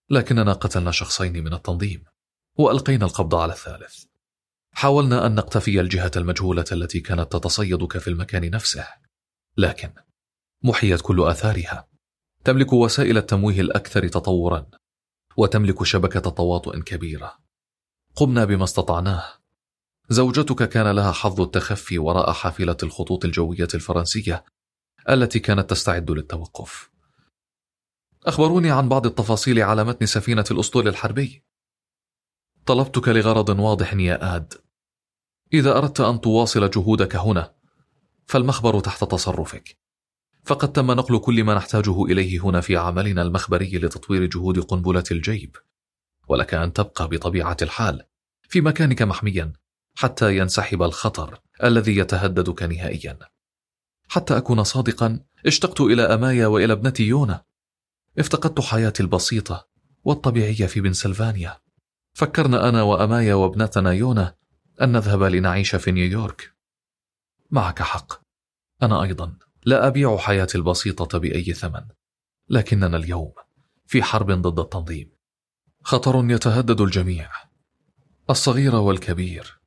لكننا قتلنا شخصين من التنظيم وألقينا القبض على الثالث. حاولنا أن نقتفي الجهة المجهولة التي كانت تتصيدك في المكان نفسه، لكن محيت كل آثارها. تملك وسائل التمويه الأكثر تطورا، وتملك شبكة تواطؤ كبيرة. قمنا بما استطعناه. زوجتك كان لها حظ التخفي وراء حافلة الخطوط الجوية الفرنسية التي كانت تستعد للتوقف. أخبروني عن بعض التفاصيل على متن سفينة الأسطول الحربي. طلبتك لغرض واضح يا آد. إذا أردت أن تواصل جهودك هنا فالمخبر تحت تصرفك، فقد تم نقل كل ما نحتاجه إليه هنا في عملنا المخبري لتطوير جهود قنبلة الجيب، ولك أن تبقى بطبيعة الحال في مكانك محميا حتى ينسحب الخطر الذي يتهددك نهائيا. حتى أكون صادقا، اشتقت إلى أمايا وإلى ابنتي يونا. افتقدت حياتي البسيطة والطبيعية في بنسلفانيا. فكرنا أنا وأمايا وابنتنا يونا أن نذهب لنعيش في نيويورك. معك حق، أنا أيضا لا أبيع حياتي البسيطة بأي ثمن، لكننا اليوم في حرب ضد التنظيم. خطر يتهدد الجميع، الصغير والكبير،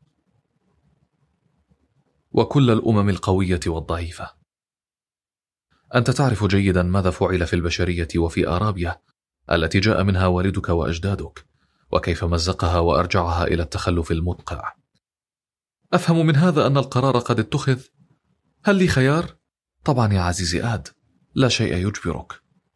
وكل الأمم القوية والضعيفة. أنت تعرف جيدا ماذا فعل في البشرية وفي أرابيا التي جاء منها والدك وأجدادك، وكيف مزقها وأرجعها إلى التخلف المدقع. أفهم من هذا أن القرار قد اتخذ. هل لي خيار؟ طبعا يا عزيزي آد، لا شيء يجبرك.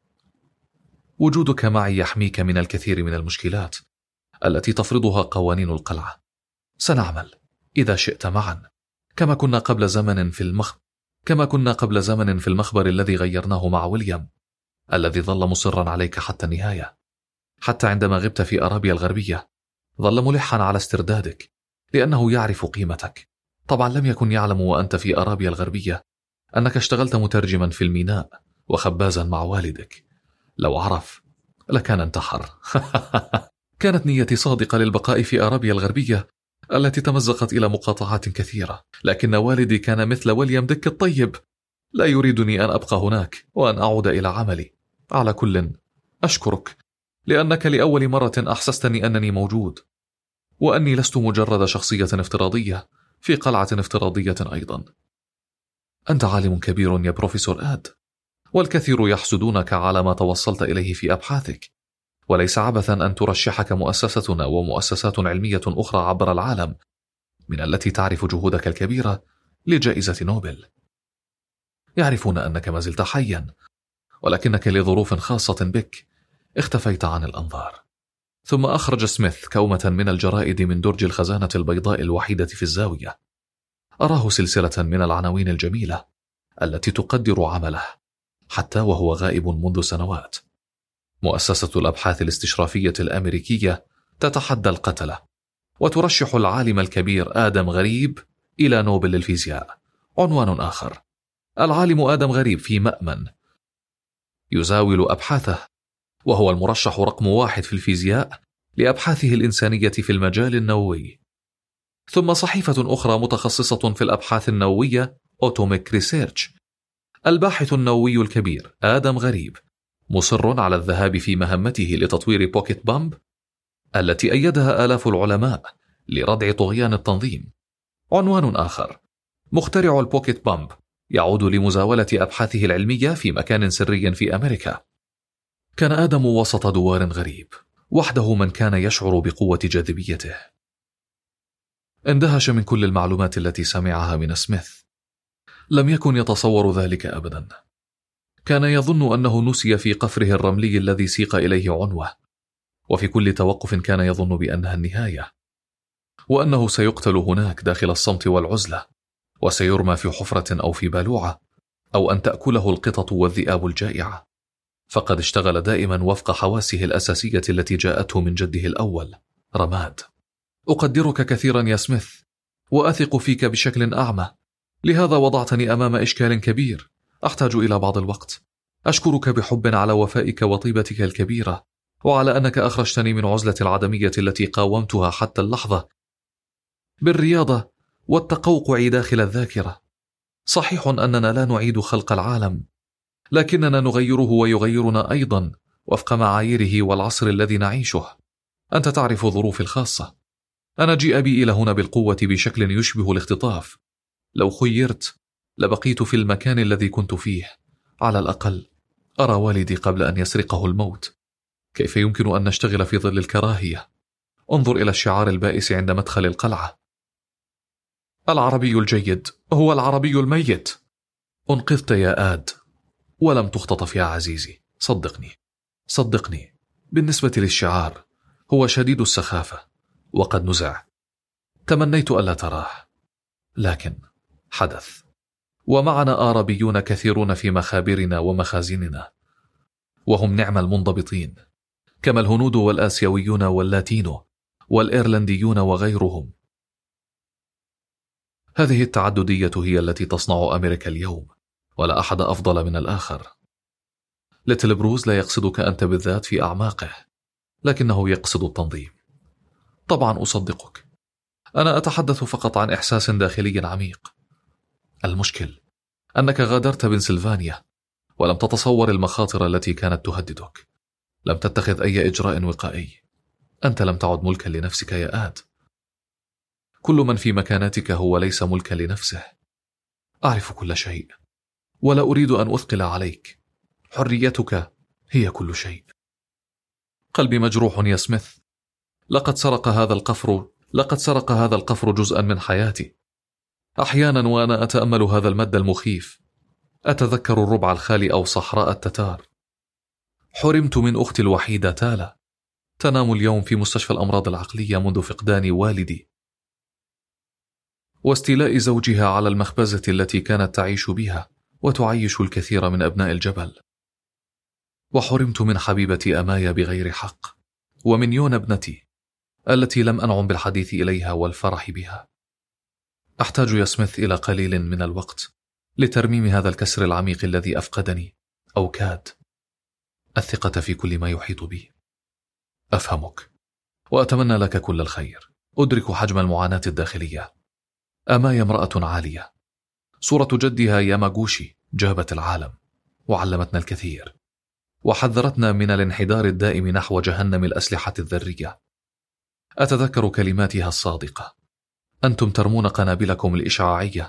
وجودك معي يحميك من الكثير من المشكلات التي تفرضها قوانين القلعة. سنعمل إذا شئت معا كما كنا قبل زمن في المخ كما كنا قبل زمن في المخبر الذي غيرناه مع ويليام، الذي ظل مصرا عليك حتى النهاية. حتى عندما غبت في أرابيا الغربية ظل ملحا على استردادك، لأنه يعرف قيمتك. طبعا لم يكن يعلم وأنت في أرابيا الغربية أنك اشتغلت مترجما في الميناء وخبازا مع والدك. لو عرف لكان انتحر. كانت نيتي صادقة للبقاء في أرابيا الغربية التي تمزقت إلى مقاطعات كثيرة، لكن والدي كان مثل ويليام ديك الطيب، لا يريدني أن أبقى هناك وأن أعود إلى عملي. على كل، أشكرك لأنك لأول مرة أحسستني أنني موجود، وأني لست مجرد شخصية افتراضية في قلعة افتراضية أيضا. أنت عالم كبير يا بروفيسور آد، والكثير يحسدونك على ما توصلت إليه في أبحاثك، وليس عبثا أن ترشحك مؤسستنا ومؤسسات علمية أخرى عبر العالم من التي تعرف جهودك الكبيرة لجائزة نوبل. يعرفون أنك ما زلت حيا، ولكنك لظروف خاصة بك اختفيت عن الأنظار. ثم أخرج سميث كومة من الجرائد من درج الخزانة البيضاء الوحيدة في الزاوية. أراه سلسلة من العناوين الجميلة التي تقدر عمله حتى وهو غائب منذ سنوات. مؤسسة الأبحاث الاستشرافية الأمريكية تتحدى القتلة وترشح العالم الكبير آدم غريب إلى نوبل الفيزياء. عنوان آخر: العالم آدم غريب في مأمن يزاول أبحاثه، وهو المرشح رقم واحد في الفيزياء لأبحاثه الإنسانية في المجال النووي. ثم صحيفة أخرى متخصصة في الأبحاث النووية أوتوميك ريسيرش. الباحث النووي الكبير آدم غريب مصر على الذهاب في مهمته لتطوير بوكيت بامب التي أيدها آلاف العلماء لردع طغيان التنظيم. عنوان آخر: مخترع البوكيت بامب يعود لمزاولة أبحاثه العلمية في مكان سري في أمريكا. كان آدم وسط دوار غريب، وحده من كان يشعر بقوة جاذبيته. اندهش من كل المعلومات التي سمعها من سميث. لم يكن يتصور ذلك أبدا. كان يظن أنه نسي في قفره الرملي الذي سيق إليه عنوة، وفي كل توقف كان يظن بأنها النهاية، وأنه سيقتل هناك داخل الصمت والعزلة، وسيرمى في حفرة أو في بالوعة، أو أن تأكله القطط والذئاب الجائعة. فقد اشتغل دائما وفق حواسه الأساسية التي جاءته من جده الأول رماد. أقدرك كثيرا يا سميث، وأثق فيك بشكل أعمى، لهذا وضعتني أمام إشكال كبير أحتاج إلى بعض الوقت. أشكرك بحب على وفائك وطيبتك الكبيرة، وعلى أنك أخرجتني من عزلة العدمية التي قاومتها حتى اللحظة بالرياضة والتقوقع داخل الذاكرة. صحيح أننا لا نعيد خلق العالم، لكننا نغيره ويغيرنا أيضا وفق معاييره والعصر الذي نعيشه. أنت تعرف ظروفي الخاصة. أنا جيء بي إلى هنا بالقوة بشكل يشبه الاختطاف. لو خيرت لبقيت في المكان الذي كنت فيه، على الأقل أرى والدي قبل أن يسرقه الموت. كيف يمكن أن نشتغل في ظل الكراهية؟ انظر إلى الشعار البائس عند مدخل القلعة: العربي الجيد هو العربي الميت. انقذت يا آد ولم تختطف يا عزيزي. صدقني صدقني بالنسبة للشعار هو شديد السخافة وقد نزع. تمنيت ألا تراه، لكن حدث. ومعنا آرابيون كثيرون في مخابرنا ومخازننا، وهم نعم المنضبطين، كما الهنود والآسيويون واللاتينو والإيرلنديون وغيرهم. هذه التعددية هي التي تصنع أمريكا اليوم، ولا أحد أفضل من الآخر. ليتل بروز لا يقصدك أنت بالذات في أعماقه، لكنه يقصد التنظيم. طبعا أصدقك، أنا أتحدث فقط عن إحساس داخلي عميق. المشكل أنك غادرت بنسلفانيا ولم تتصور المخاطر التي كانت تهددك. لم تتخذ أي إجراء وقائي. أنت لم تعد ملكا لنفسك يا آد. كل من في مكانتك هو ليس ملكا لنفسه. أعرف كل شيء ولا أريد أن أثقل عليك. حريتك هي كل شيء. قلبي مجروح يا سميث. لقد سرق هذا القفر لقد سرق هذا القفر جزءا من حياتي. أحيانا وأنا أتأمل هذا المد المخيف أتذكر الربع الخالي أو صحراء التتار. حرمت من أختي الوحيدة تالا، تنام اليوم في مستشفى الأمراض العقلية منذ فقدان والدي واستيلاء زوجها على المخبزة التي كانت تعيش بها وتعيش الكثير من أبناء الجبل. وحرمت من حبيبتي أمايا بغير حق، ومن يون ابنتي التي لم أنعم بالحديث إليها والفرح بها. أحتاج يا سميث إلى قليل من الوقت لترميم هذا الكسر العميق الذي أفقدني أو كاد الثقة في كل ما يحيط بي. أفهمك وأتمنى لك كل الخير. أدرك حجم المعاناة الداخلية. أمايا امرأة عالية. صورة جدها ياماغوشي جابت العالم وعلمتنا الكثير، وحذرتنا من الانحدار الدائم نحو جهنم الأسلحة الذرية. أتذكر كلماتها الصادقة: أنتم ترمون قنابلكم الإشعاعية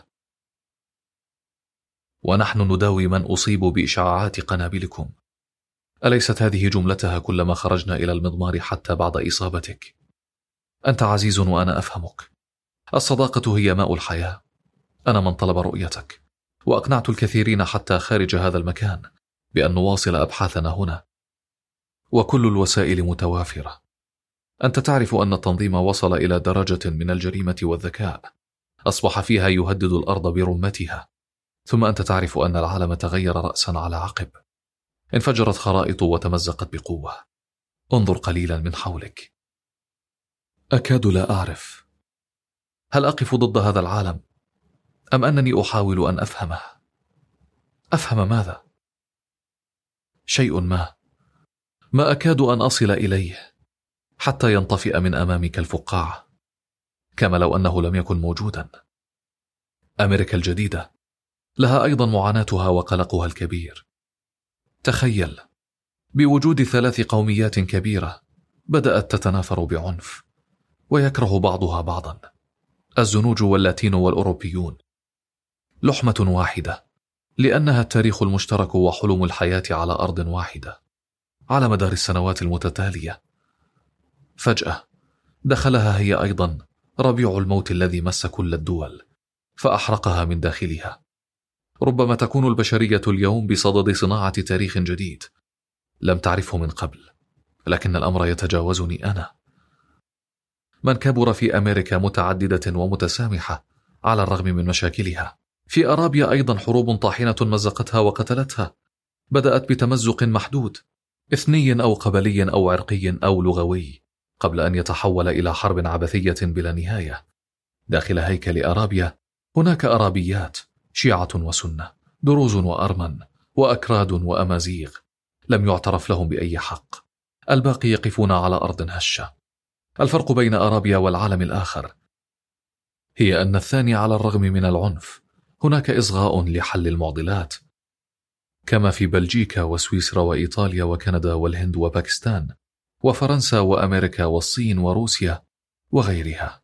ونحن نداوي من أصيب بإشعاعات قنابلكم. أليست هذه جملتها كلما خرجنا إلى المضمار حتى بعد إصابتك؟ أنت عزيز وأنا أفهمك. الصداقة هي ماء الحياة. أنا من طلب رؤيتك، وأقنعت الكثيرين حتى خارج هذا المكان بأن نواصل أبحاثنا هنا، وكل الوسائل متوافرة. أنت تعرف أن التنظيم وصل إلى درجة من الجريمة والذكاء أصبح فيها يهدد الأرض برمتها. ثم أنت تعرف أن العالم تغير رأسا على عقب. انفجرت خرائط وتمزقت بقوة. انظر قليلا من حولك. أكاد لا أعرف، هل أقف ضد هذا العالم أم أنني أحاول أن أفهمه؟ أفهم ماذا؟ شيء ما ما أكاد أن أصل إليه حتى ينطفئ من أمامك الفقاعة، كما لو أنه لم يكن موجودا. أمريكا الجديدة لها أيضا معاناتها وقلقها الكبير. تخيل، بوجود ثلاث قوميات كبيرة بدأت تتنافر بعنف ويكره بعضها بعضا، الزنوج واللاتين والأوروبيون. لحمة واحدة، لأنها التاريخ المشترك وحلم الحياة على أرض واحدة على مدار السنوات المتتالية. فجأة دخلها هي أيضا ربيع الموت الذي مس كل الدول فأحرقها من داخلها. ربما تكون البشرية اليوم بصدد صناعة تاريخ جديد لم تعرفه من قبل، لكن الأمر يتجاوزني أنا. من كبر في أمريكا متعددة ومتسامحة على الرغم من مشاكلها. في أرابيا أيضا حروب طاحنة مزقتها وقتلتها، بدأت بتمزق محدود، إثني أو قبلي أو عرقي أو لغوي، قبل أن يتحول إلى حرب عبثية بلا نهاية. داخل هيكل أرابيا هناك أرابيات، شيعة وسنة، دروز وأرمن وأكراد وأمازيغ، لم يعترف لهم بأي حق. الباقي يقفون على أرض هشة. الفرق بين أرابيا والعالم الآخر هي أن الثاني على الرغم من العنف هناك إصغاء لحل المعضلات. كما في بلجيكا وسويسرا وإيطاليا وكندا والهند وباكستان وفرنسا وأمريكا والصين وروسيا وغيرها.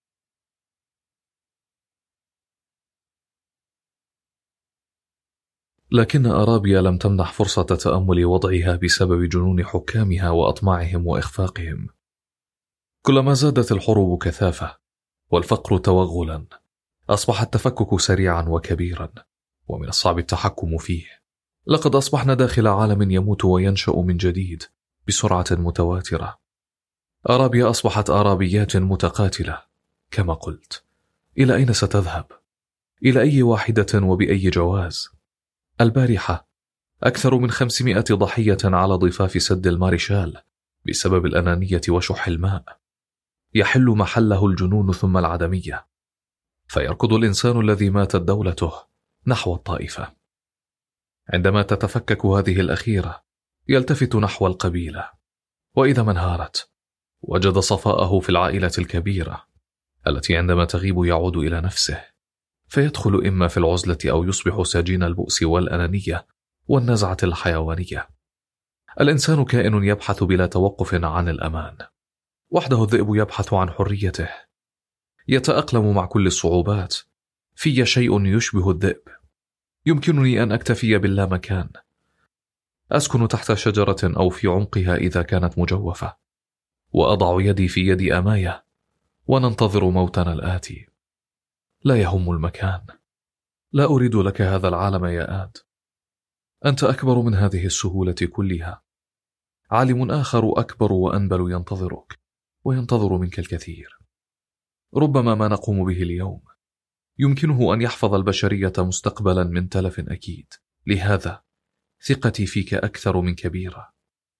لكن أرابيا لم تمنح فرصة تأمل وضعها بسبب جنون حكامها وأطماعهم وإخفاقهم. كلما زادت الحروب كثافة والفقر توغلا أصبح التفكك سريعا وكبيرا ومن الصعب التحكم فيه. لقد أصبحنا داخل عالم يموت وينشأ من جديد بسرعة متواترة. أرابيا أصبحت أرابيات متقاتلة كما قلت. إلى أين ستذهب؟ إلى أي واحدة وبأي جواز؟ البارحة أكثر من خمسمائة ضحية على ضفاف سد الماريشال بسبب الأنانية وشح الماء. يحل محله الجنون ثم العدمية، فيركض الإنسان الذي ماتت دولته نحو الطائفة. عندما تتفكك هذه الأخيرة يلتفت نحو القبيلة، وإذا ما انهارت وجد صفاءه في العائلة الكبيرة التي عندما تغيب يعود إلى نفسه، فيدخل إما في العزلة أو يصبح سجين البؤس والأنانية والنزعة الحيوانية. الإنسان كائن يبحث بلا توقف عن الأمان. وحده الذئب يبحث عن حريته، يتأقلم مع كل الصعوبات. في شيء يشبه الذئب. يمكنني أن أكتفي باللامكان. أسكن تحت شجرة أو في عمقها إذا كانت مجوفة، وأضع يدي في يد أماية وننتظر موتنا الآتي. لا يهم المكان. لا أريد لك هذا العالم يا آد. أنت أكبر من هذه السهولة كلها. عالم آخر أكبر وأنبل ينتظرك وينتظر منك الكثير. ربما ما نقوم به اليوم يمكنه أن يحفظ البشرية مستقبلا من تلف أكيد. لهذا ثقتي فيك أكثر من كبيرة.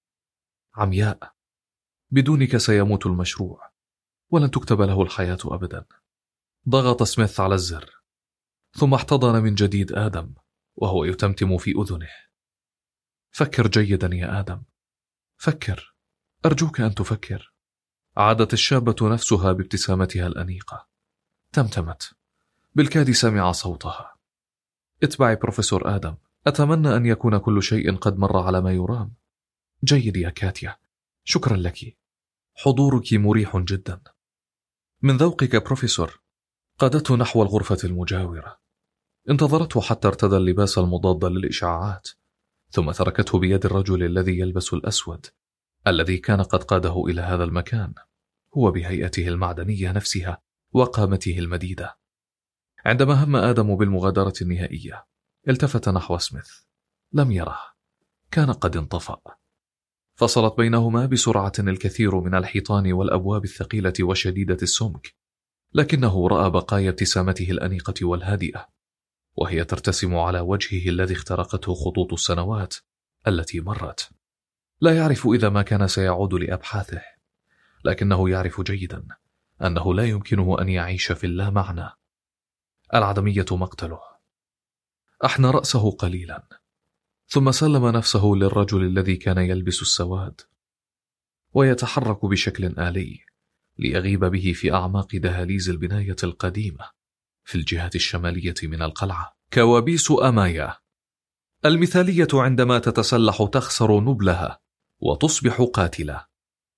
عمياء، بدونك سيموت المشروع ولن تكتب له الحياة أبدا. ضغط سميث على الزر ثم احتضن من جديد آدم وهو يتمتم في أذنه. فكر جيدا يا آدم، فكر، أرجوك أن تفكر. عادت الشابة نفسها بابتسامتها الأنيقة. تمتمت. بالكاد سمع صوتها. اتبعي بروفيسور آدم. أتمنى أن يكون كل شيء قد مر على ما يرام. جيد يا كاتيا، شكرا لك. حضورك مريح جدا. من ذوقك بروفيسور. قادته نحو الغرفة المجاورة. انتظرته حتى ارتدى اللباس المضاد للإشعاعات، ثم تركته بيد الرجل الذي يلبس الأسود الذي كان قد قاده إلى هذا المكان، هو بهيئته المعدنية نفسها وقامته المديدة. عندما هم آدم بالمغادرة النهائية التفت نحو سميث. لم يره. كان قد انطفأ. فصلت بينهما بسرعة الكثير من الحيطان والأبواب الثقيلة وشديدة السمك، لكنه رأى بقايا ابتسامته الأنيقة والهادئة وهي ترتسم على وجهه الذي اخترقته خطوط السنوات التي مرت. لا يعرف إذا ما كان سيعود لأبحاثه، لكنه يعرف جيدا أنه لا يمكنه أن يعيش في اللامعنى. العدمية مقتله. أحنى رأسه قليلا ثم سلم نفسه للرجل الذي كان يلبس السواد ويتحرك بشكل آلي ليغيب به في أعماق دهاليز البناية القديمة في الجهة الشمالية من القلعة. كوابيس أمايا. المثالية عندما تتسلح تخسر نبلها وتصبح قاتلة.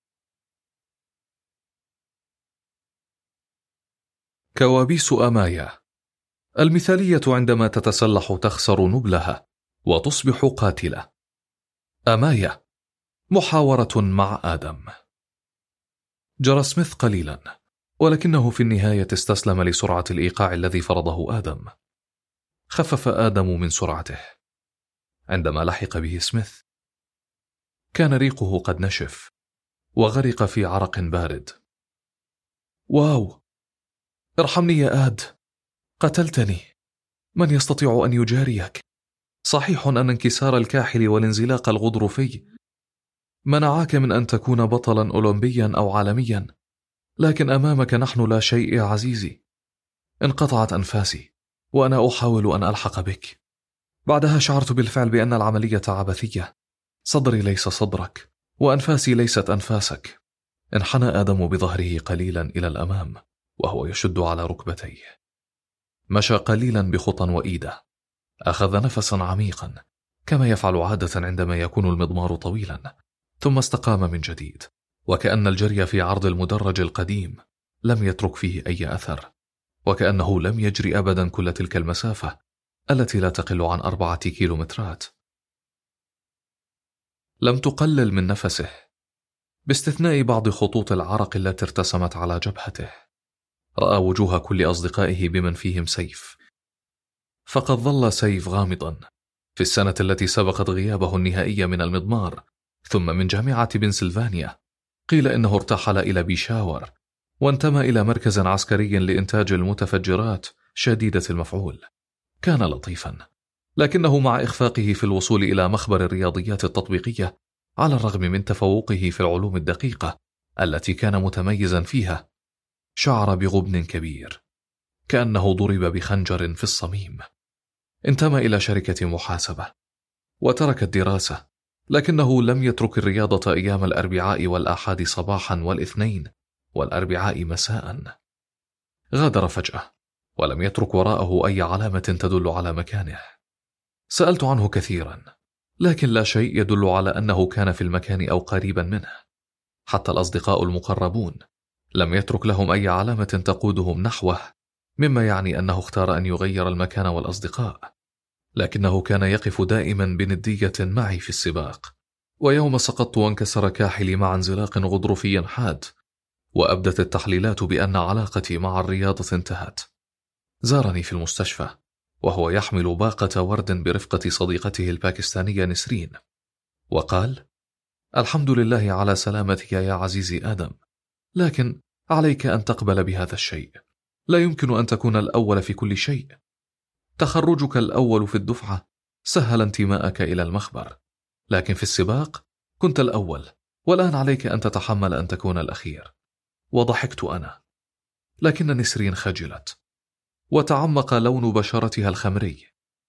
كوابيس أمايا. المثالية عندما تتسلح تخسر نبلها وتصبح قاتلة. أمايا. محاورة مع آدم. جرى سميث قليلا، ولكنه في النهاية استسلم لسرعة الإيقاع الذي فرضه آدم. خفف آدم من سرعته. عندما لحق به سميث كان ريقه قد نشف وغرق في عرق بارد. واو، ارحمني يا آد، قتلتني. من يستطيع أن يجاريك؟ صحيح أن انكسار الكاحل والانزلاق الغضروفي منعاك من أن تكون بطلا أولمبيا أو عالميا، لكن أمامك نحن لا شيء يا عزيزي. انقطعت أنفاسي وأنا أحاول أن ألحق بك. بعدها شعرت بالفعل بأن العملية عبثية. صدري ليس صدرك وأنفاسي ليست أنفاسك. انحنى آدم بظهره قليلا إلى الأمام وهو يشد على ركبتيه. مشى قليلا بخطى وإيدة. أخذ نفسا عميقا كما يفعل عادة عندما يكون المضمار طويلا، ثم استقام من جديد، وكأن الجري في عرض المدرج القديم لم يترك فيه أي أثر، وكأنه لم يجري أبدا كل تلك المسافة التي لا تقل عن أربعة كيلومترات. لم تقلل من نفسه، باستثناء بعض خطوط العرق التي ارتسمت على جبهته. رأى وجوه كل أصدقائه بمن فيهم سيف، فقد ظل سيف غامضا في السنة التي سبقت غيابه النهائي من المضمار ثم من جامعة بنسلفانيا. قيل إنه ارتحل إلى بيشاور وانتمى إلى مركز عسكري لإنتاج المتفجرات شديدة المفعول. كان لطيفا، لكنه مع إخفاقه في الوصول إلى مخبر الرياضيات التطبيقية، على الرغم من تفوقه في العلوم الدقيقة التي كان متميزا فيها، شعر بغبن كبير، كأنه ضرب بخنجر في الصميم. انتمى إلى شركة محاسبة وترك الدراسة، لكنه لم يترك الرياضة أيام الأربعاء والأحد صباحا والاثنين والأربعاء مساء. غادر فجأة ولم يترك وراءه أي علامة تدل على مكانه. سألت عنه كثيرا، لكن لا شيء يدل على أنه كان في المكان أو قريبا منه. حتى الأصدقاء المقربون لم يترك لهم أي علامة تقودهم نحوه، مما يعني أنه اختار أن يغير المكان والأصدقاء. لكنه كان يقف دائما بندية معي في السباق، ويوم سقطت وانكسر كاحلي مع انزلاق غضروفي حاد، وأبدت التحليلات بأن علاقتي مع الرياضة انتهت، زارني في المستشفى وهو يحمل باقة ورد برفقة صديقته الباكستانية نسرين، وقال: الحمد لله على سلامتك يا عزيزي آدم، لكن عليك أن تقبل بهذا الشيء. لا يمكن أن تكون الأول في كل شيء. تخرجك الأول في الدفعة سهل انتماءك إلى المخبر، لكن في السباق كنت الأول، والآن عليك أن تتحمل أن تكون الأخير. وضحكت أنا، لكن نسرين خجلت وتعمق لون بشرتها الخمري.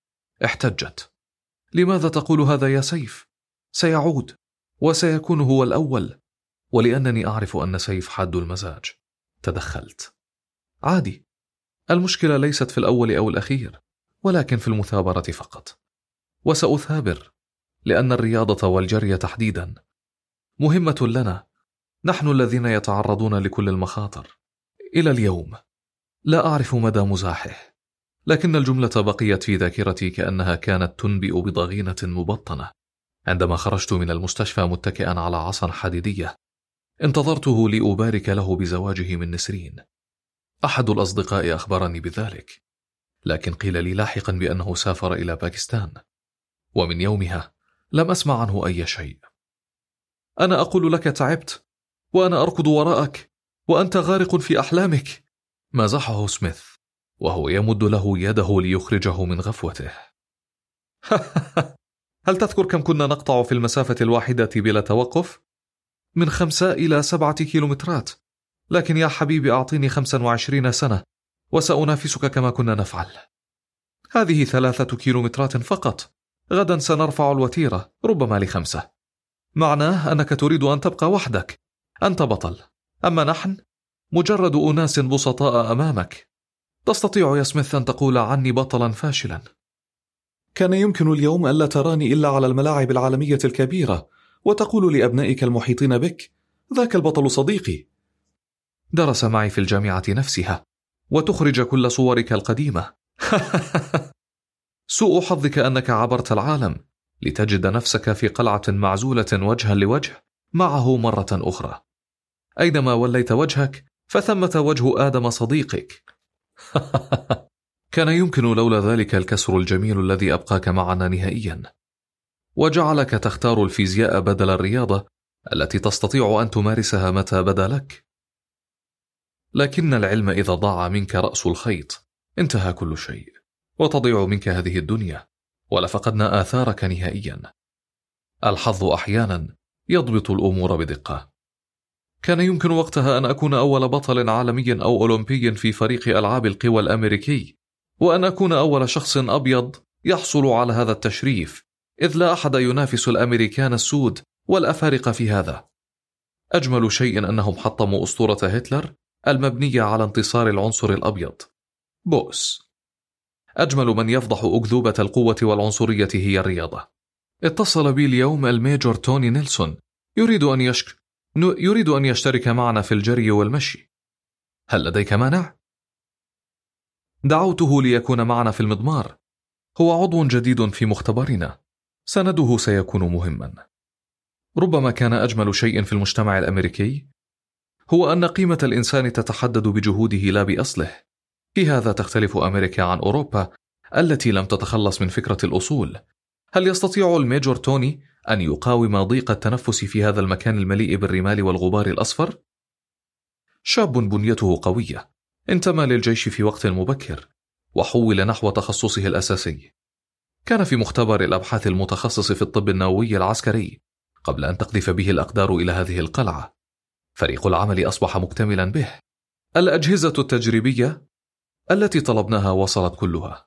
احتجت: لماذا تقول هذا يا سيف؟ سيعود وسيكون هو الأول. ولأنني أعرف أن سيف حاد المزاج تدخلت: عادي، المشكلة ليست في الأول أو الأخير، ولكن في المثابرة فقط. وسأثابر، لأن الرياضة والجري تحديدا مهمة لنا، نحن الذين يتعرضون لكل المخاطر. إلى اليوم لا أعرف مدى مزاحه، لكن الجملة بقيت في ذاكرتي كأنها كانت تنبئ بضغينة مبطنة. عندما خرجت من المستشفى متكئا على عصا حديدية، انتظرته لأبارك له بزواجه من نسرين. أحد الأصدقاء أخبرني بذلك، لكن قيل لي لاحقا بأنه سافر إلى باكستان، ومن يومها لم أسمع عنه أي شيء. أنا أقول لك تعبت، وأنا أركض وراءك وأنت غارق في أحلامك، مازحه سميث وهو يمد له يده ليخرجه من غفوته. هل تذكر كم كنا نقطع في المسافة الواحدة بلا توقف؟ من خمسة إلى سبعة كيلومترات. لكن يا حبيبي أعطيني خمسا وعشرين سنة وسأنافسك كما كنا نفعل. هذه ثلاثة كيلومترات فقط، غدا سنرفع الوتيرة ربما لخمسة. معناه أنك تريد أن تبقى وحدك، أنت بطل، أما نحن مجرد أناس بسطاء أمامك. تستطيع يا سميث أن تقول عني بطلا فاشلا. كان يمكن اليوم ألا تراني إلا على الملاعب العالمية الكبيرة وتقول لأبنائك المحيطين بك: ذاك البطل صديقي. درس معي في الجامعة نفسها وتخرج كل صورك القديمة. سوء حظك أنك عبرت العالم لتجد نفسك في قلعة معزولة وجها لوجه معه مرة أخرى. أينما وليت وجهك فثمة وجه آدم صديقك. كان يمكن لولا ذلك الكسر الجميل الذي أبقاك معنا نهائيا، وجعلك تختار الفيزياء بدل الرياضة التي تستطيع أن تمارسها متى بدا لك. لكن العلم إذا ضاع منك رأس الخيط انتهى كل شيء، وتضيع منك هذه الدنيا، ولفقدنا آثارك نهائيا. الحظ أحيانا يضبط الأمور بدقة. كان يمكن وقتها أن أكون أول بطل عالمي أو أولمبي في فريق ألعاب القوى الأمريكي، وأن أكون أول شخص أبيض يحصل على هذا التشريف، إذ لا أحد ينافس الأمريكان السود والأفارقة في هذا. أجمل شيء أنهم حطموا أسطورة هتلر المبنية على انتصار العنصر الأبيض، بؤس. أجمل من يفضح أكذوبة القوة والعنصرية هي الرياضة، اتصل بي اليوم الميجور توني نيلسون، يريد أن يشك... يريد أن يشترك معنا في الجري والمشي. هل لديك مانع؟ دعوته ليكون معنا في المضمار. هو عضو جديد في مختبرنا، سنده سيكون مهما. ربما كان أجمل شيء في المجتمع الأمريكي هو أن قيمة الإنسان تتحدد بجهوده لا بأصله. في هذا تختلف أمريكا عن أوروبا التي لم تتخلص من فكرة الأصول. هل يستطيع الميجور توني أن يقاوم ضيق التنفس في هذا المكان المليء بالرمال والغبار الأصفر؟ شاب بنيته قوية، انتمى للجيش في وقت مبكر، وحول نحو تخصصه الأساسي. كان في مختبر الأبحاث المتخصص في الطب النووي العسكري قبل أن تقذف به الأقدار إلى هذه القلعة. فريق العمل أصبح مكتملا به. الأجهزة التجريبية التي طلبناها وصلت كلها،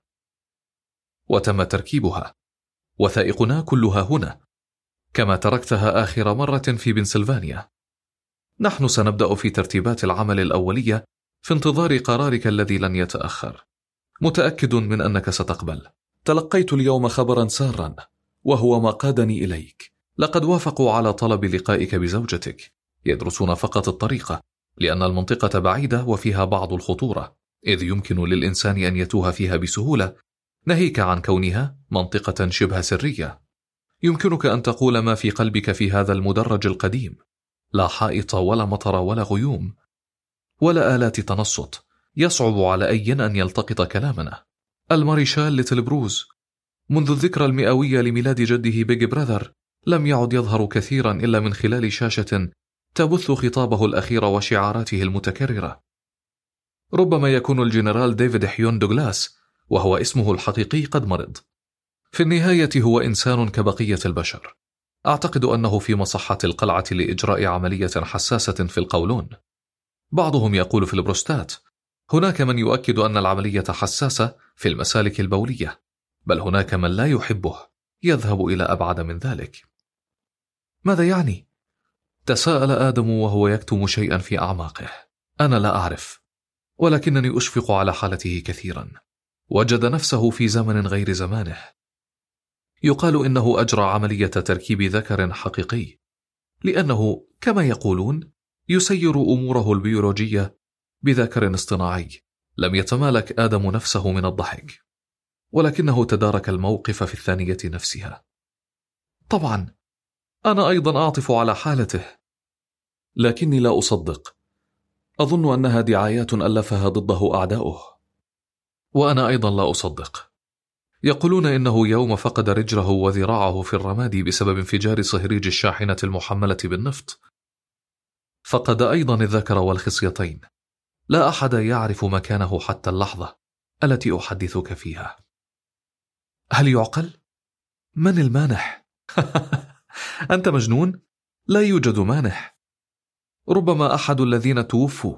وتم تركيبها. وثائقنا كلها هنا، كما تركتها آخر مرة في بنسلفانيا. نحن سنبدأ في ترتيبات العمل الأولية في انتظار قرارك الذي لن يتأخر. متأكد من أنك ستقبل. تلقيت اليوم خبرا سارا، وهو ما قادني إليك. لقد وافقوا على طلب لقائك بزوجتك. يدرسون فقط الطريقة، لأن المنطقة بعيدة وفيها بعض الخطورة، إذ يمكن للإنسان أن يتوه فيها بسهولة، ناهيك عن كونها منطقة شبه سرية. يمكنك أن تقول ما في قلبك في هذا المدرج القديم. لا حائط ولا مطر ولا غيوم ولا آلات تنصت. يصعب على أي أن يلتقط كلامنا. الماريشال ليتل بروز منذ الذكرى المئوية لميلاد جده بيج براذر لم يعد يظهر كثيرا إلا من خلال شاشة تبث خطابه الأخير وشعاراته المتكررة. ربما يكون الجنرال ديفيد حيون دوغلاس، وهو اسمه الحقيقي، قد مرض. في النهاية هو إنسان كبقية البشر. أعتقد أنه في مصحة القلعة لإجراء عملية حساسة في القولون. بعضهم يقول في البروستات. هناك من يؤكد أن العملية حساسة في المسالك البولية، بل هناك من لا يحبه يذهب إلى أبعد من ذلك. ماذا يعني؟ تساءل آدم وهو يكتم شيئا في أعماقه. أنا لا أعرف، ولكنني أشفق على حالته كثيرا. وجد نفسه في زمن غير زمانه. يقال إنه أجرى عملية تركيب ذكر حقيقي، لأنه كما يقولون يسير أموره البيولوجية بذكر اصطناعي. لم يتمالك آدم نفسه من الضحك، ولكنه تدارك الموقف في الثانية نفسها. طبعا أنا أيضا أعطف على حالته، لكني لا أصدق. أظن أنها دعايات ألفها ضده أعداؤه. وأنا أيضا لا أصدق. يقولون إنه يوم فقد رجله وذراعه في الرماد بسبب انفجار صهريج الشاحنة المحملة بالنفط، فقد أيضا الذكر والخصيتين. لا أحد يعرف مكانه حتى اللحظة التي أحدثك فيها. هل يعقل؟ من المانح؟ أنت مجنون؟ لا يوجد مانح. ربما أحد الذين توفوا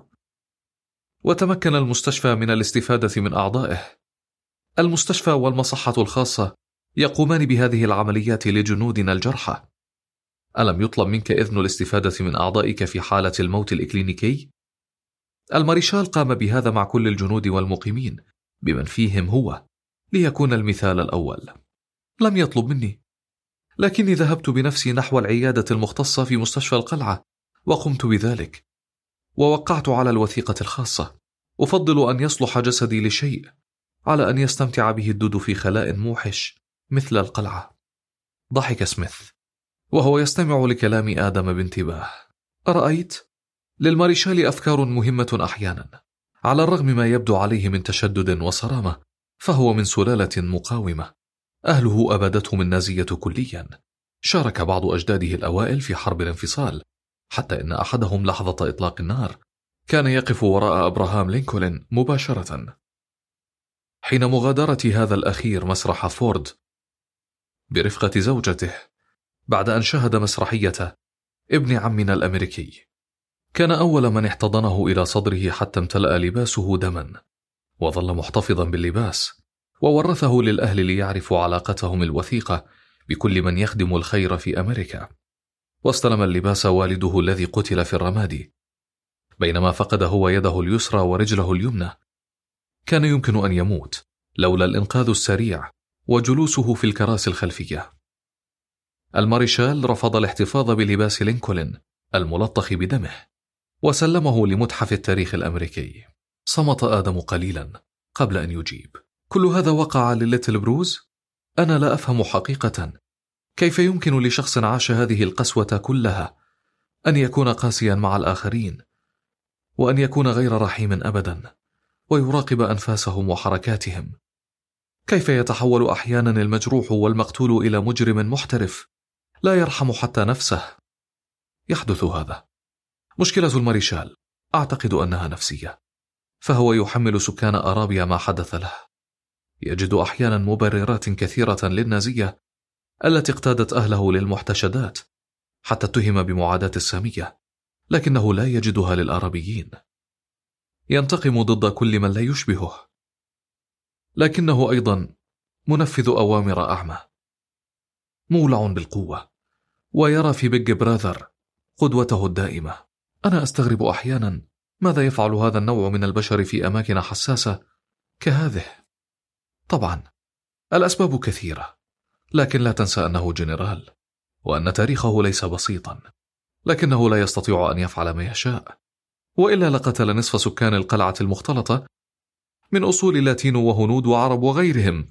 وتمكن المستشفى من الاستفادة من أعضائه. المستشفى والمصحة الخاصة يقومان بهذه العمليات لجنودنا الجرحى. ألم يطلب منك إذن الاستفادة من أعضائك في حالة الموت الإكلينيكي؟ الماريشال قام بهذا مع كل الجنود والمقيمين بمن فيهم هو، ليكون المثال الأول. لم يطلب مني، لكني ذهبت بنفسي نحو العيادة المختصة في مستشفى القلعة وقمت بذلك، ووقعت على الوثيقة الخاصة. أفضل أن يصلح جسدي لشيء على أن يستمتع به الدود في خلاء موحش مثل القلعة. ضحك سميث وهو يستمع لكلام آدم بانتباه. أرأيت؟ للماريشال أفكار مهمة أحيانا. على الرغم ما يبدو عليه من تشدد وصرامة، فهو من سلالة مقاومة. أهله أبادتهم النازية كليا. شارك بعض أجداده الأوائل في حرب الانفصال، حتى إن أحدهم لحظة إطلاق النار كان يقف وراء أبراهام لينكولن مباشرة. حين مغادرة هذا الأخير مسرح فورد برفقة زوجته بعد أن شاهد مسرحية ابن عمنا الأمريكي، كان أول من احتضنه إلى صدره حتى امتلأ لباسه دما، وظل محتفظا باللباس، وورثه للأهل ليعرفوا علاقتهم الوثيقة بكل من يخدم الخير في أمريكا. واستلم اللباس والده الذي قتل في الرماد، بينما فقد هو يده اليسرى ورجله اليمنى. كان يمكن أن يموت لولا الإنقاذ السريع وجلوسه في الكراسي الخلفية. الماريشال رفض الاحتفاظ بلباس لينكولن الملطخ بدمه وسلمه لمتحف التاريخ الأمريكي. صمت آدم قليلا قبل أن يجيب. كل هذا وقع لليتل بروز؟ أنا لا أفهم حقيقة كيف يمكن لشخص عاش هذه القسوة كلها أن يكون قاسيا مع الآخرين، وأن يكون غير رحيم أبدا، ويراقب أنفاسهم وحركاتهم. كيف يتحول أحيانا المجروح والمقتول إلى مجرم محترف لا يرحم حتى نفسه؟ يحدث هذا. مشكلة الماريشال أعتقد أنها نفسية، فهو يحمل سكان أرابيا ما حدث له. يجد أحيانا مبررات كثيرة للنازية التي اقتادت أهله للمحتشدات، حتى اتهم بمعاداة السامية، لكنه لا يجدها للآرابيين. ينتقم ضد كل من لا يشبهه، لكنه أيضا منفذ أوامر أعمى، مولع بالقوة، ويرى في بيج براذر قدوته الدائمة. أنا أستغرب أحيانا ماذا يفعل هذا النوع من البشر في أماكن حساسة كهذه. طبعا الأسباب كثيرة، لكن لا تنسى أنه جنرال، وأن تاريخه ليس بسيطا، لكنه لا يستطيع أن يفعل ما يشاء، وإلا لقتل نصف سكان القلعة المختلطة من أصول لاتينو وهنود وعرب وغيرهم.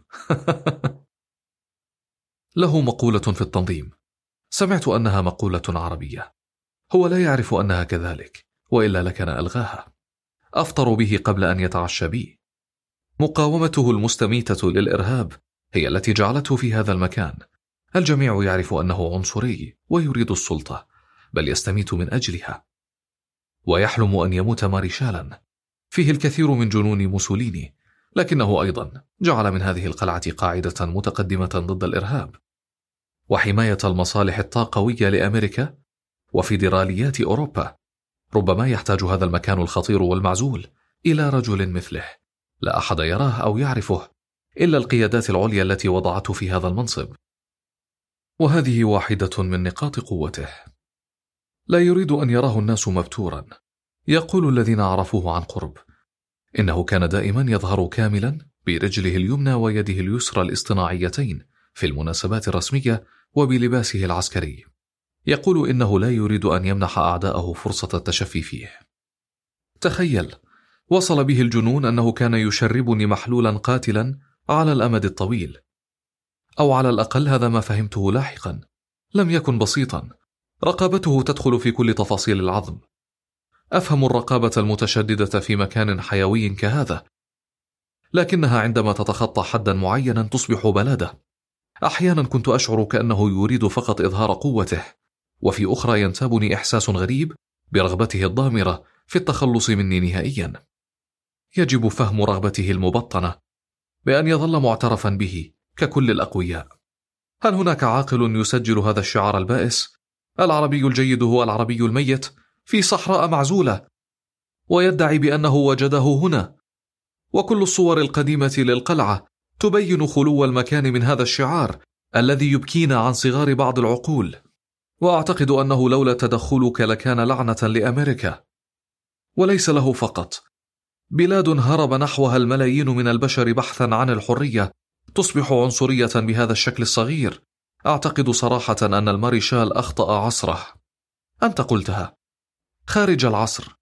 له مقولة في التنظيم، سمعت أنها مقولة عربية، هو لا يعرف أنها كذلك، وإلا لكان ألغاها. أفطر به قبل أن يتعشى بي. مقاومته المستميتة للإرهاب هي التي جعلته في هذا المكان. الجميع يعرف أنه عنصري ويريد السلطة، بل يستميت من أجلها، ويحلم أن يموت ماريشالا. فيه الكثير من جنون موسوليني، لكنه أيضا جعل من هذه القلعة قاعدة متقدمة ضد الإرهاب وحماية المصالح الطاقوية لأمريكا وفيدراليات أوروبا. ربما يحتاج هذا المكان الخطير والمعزول إلى رجل مثله، لا أحد يراه أو يعرفه إلا القيادات العليا التي وضعته في هذا المنصب، وهذه واحدة من نقاط قوته. لا يريد أن يراه الناس مبتورا. يقول الذين عرفوه عن قرب إنه كان دائما يظهر كاملا برجله اليمنى ويده اليسرى الاصطناعيتين في المناسبات الرسمية وبلباسه العسكري. يقول إنه لا يريد أن يمنح أعداءه فرصة التشفي فيه. تخيل، وصل به الجنون أنه كان يشربني محلولا قاتلا على الأمد الطويل، أو على الأقل هذا ما فهمته لاحقا. لم يكن بسيطا، رقابته تدخل في كل تفاصيل العظم. أفهم الرقابة المتشددة في مكان حيوي كهذا، لكنها عندما تتخطى حدا معينا تصبح بلادة. أحيانا كنت أشعر كأنه يريد فقط إظهار قوته، وفي أخرى ينتابني إحساس غريب برغبته الضامرة في التخلص مني نهائيا. يجب فهم رغبته المبطنة بأن يظل معترفا به ككل الأقوياء. هل هناك عاقل يسجل هذا الشعار البائس: العربي الجيد هو العربي الميت، في صحراء معزولة، ويدعي بأنه وجده هنا؟ وكل الصور القديمة للقلعة تبين خلو المكان من هذا الشعار الذي يبكينا عن صغار بعض العقول. وأعتقد أنه لولا تدخلك لكان لعنة لأمريكا، وليس له فقط. بلاد هرب نحوها الملايين من البشر بحثا عن الحرية تصبح عنصرية بهذا الشكل الصغير. أعتقد صراحة أن الماريشال أخطأ عصره. أنت قلتها، خارج العصر،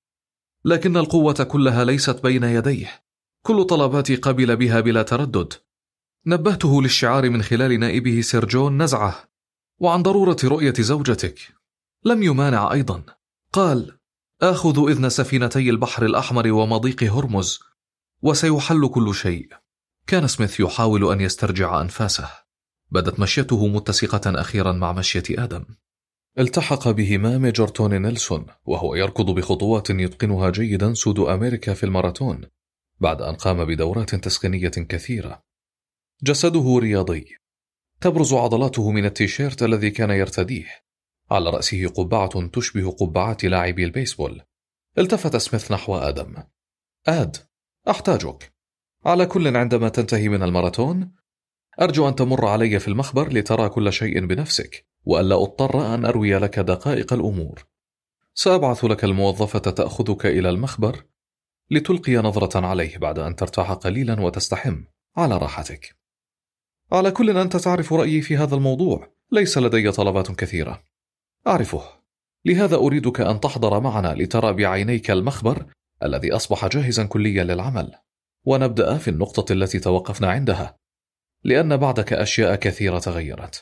لكن القوة كلها ليست بين يديه. كل طلباتي قبل بها بلا تردد. نبهته للشعار من خلال نائبه سير جون نزعه، وعن ضرورة رؤية زوجتك. لم يمانع أيضا. قال: آخذ إذن سفينتي البحر الأحمر ومضيق هرمز، وسيحل كل شيء. كان سميث يحاول أن يسترجع أنفاسه. بدت مشيته متسقة أخيرا مع مشية آدم. التحق بهما ميجر توني نيلسون، وهو يركض بخطوات يتقنها جيدا سود أمريكا في الماراثون بعد أن قام بدورات تسخينية كثيرة. جسده رياضي، تبرز عضلاته من التيشيرت الذي كان يرتديه. على رأسه قبعة تشبه قبعات لاعبي البيسبول. التفت سميث نحو آدم. آد، أحتاجك. على كل، عندما تنتهي من الماراثون أرجو أن تمر علي في المخبر لترى كل شيء بنفسك، وألا أضطر أن أروي لك دقائق الأمور. سأبعث لك الموظفة تأخذك إلى المخبر لتلقي نظرة عليه بعد أن ترتاح قليلا وتستحم. على راحتك. على كل، أنت تعرف رأيي في هذا الموضوع، ليس لدي طلبات كثيرة. أعرفه، لهذا أريدك أن تحضر معنا لترى بعينيك المخبر الذي أصبح جاهزا كليا للعمل، ونبدأ في النقطة التي توقفنا عندها، لأن بعدك أشياء كثيرة تغيرت.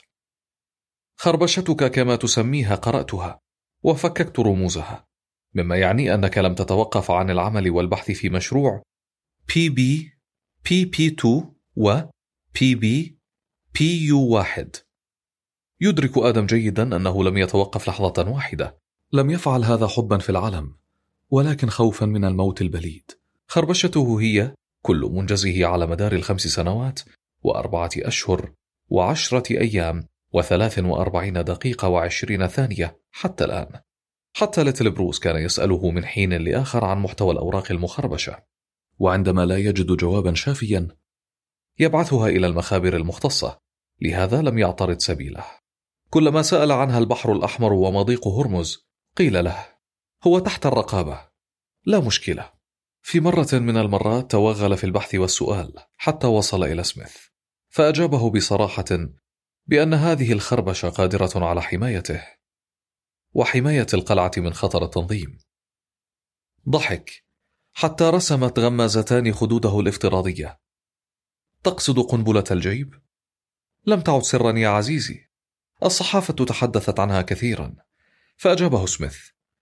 خربشتك كما تسميها قرأتها وفككت رموزها، مما يعني أنك لم تتوقف عن العمل والبحث في مشروع بي بي بي بي اثنين و بي بي بي يو واحد. يدرك آدم جيدا أنه لم يتوقف لحظة واحدة. لم يفعل هذا حبا في العالم، ولكن خوفا من الموت البليد. خربشته هي كل منجزه على مدار الخمس سنوات وأربعة أشهر وعشرة أيام وثلاث وأربعين دقيقة وعشرين ثانية حتى الآن. حتى ليتل بروس كان يسأله من حين لآخر عن محتوى الأوراق المخربشة، وعندما لا يجد جوابا شافيا يبعثها إلى المخابر المختصة، لهذا لم يعترض سبيله. كلما سأل عنها البحر الأحمر ومضيق هرمز قيل له هو تحت الرقابة، لا مشكلة. في مرة من المرات توغل في البحث والسؤال حتى وصل إلى سميث، فأجابه بصراحة بأن هذه الخربشة قادرة على حمايته وحماية القلعة من خطر التنظيم. ضحك حتى رسمت غمازتان خدوده الافتراضية. تقصد قنبلة الجيب؟ لم تعد سرا يا عزيزي، الصحافة تحدثت عنها كثيرا. فأجابه سميث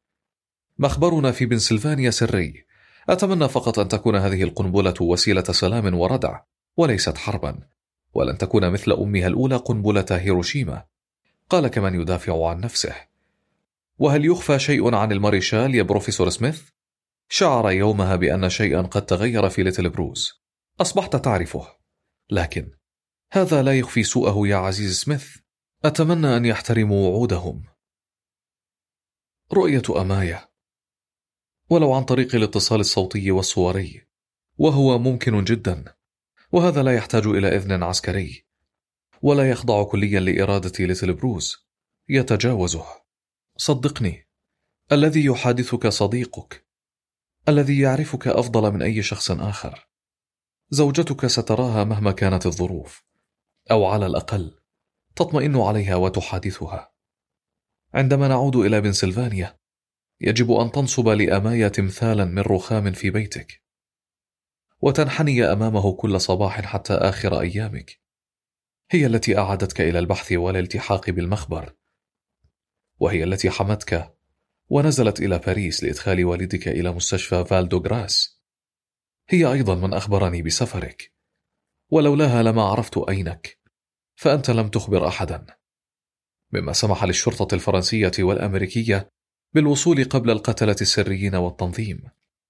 مخبرنا في بنسلفانيا سري، أتمنى فقط أن تكون هذه القنبلة وسيلة سلام وردع وليست حربا، ولن تكون مثل أمها الأولى قنبلة هيروشيما. قال كمن يدافع عن نفسه. وهل يخفى شيء عن الماريشال يا بروفيسور سميث؟ شعر يومها بأن شيئا قد تغير في ليتل بروس. أصبحت تعرفه، لكن هذا لا يخفي سوءه يا عزيز سميث. أتمنى أن يحترموا وعودهم. رؤية أماية، ولو عن طريق الاتصال الصوتي والصوري، وهو ممكن جدا، وهذا لا يحتاج إلى إذن عسكري، ولا يخضع كليا لإرادة ليتل بروس، يتجاوزه. صدقني، الذي يحادثك صديقك، الذي يعرفك أفضل من أي شخص آخر. زوجتك ستراها مهما كانت الظروف، أو على الأقل تطمئن عليها وتحادثها. عندما نعود إلى بنسلفانيا يجب أن تنصب لأمايا تمثالا من رخام في بيتك، وتنحني أمامه كل صباح حتى آخر أيامك. هي التي أعادتك إلى البحث والالتحاق بالمخبر، وهي التي حمتك ونزلت إلى باريس لإدخال والدك إلى مستشفى فالدوغراس. هي أيضا من أخبرني بسفرك، ولولاها لما عرفت أينك، فأنت لم تخبر أحدا، مما سمح للشرطة الفرنسية والأمريكية بالوصول قبل القتلة السريين والتنظيم.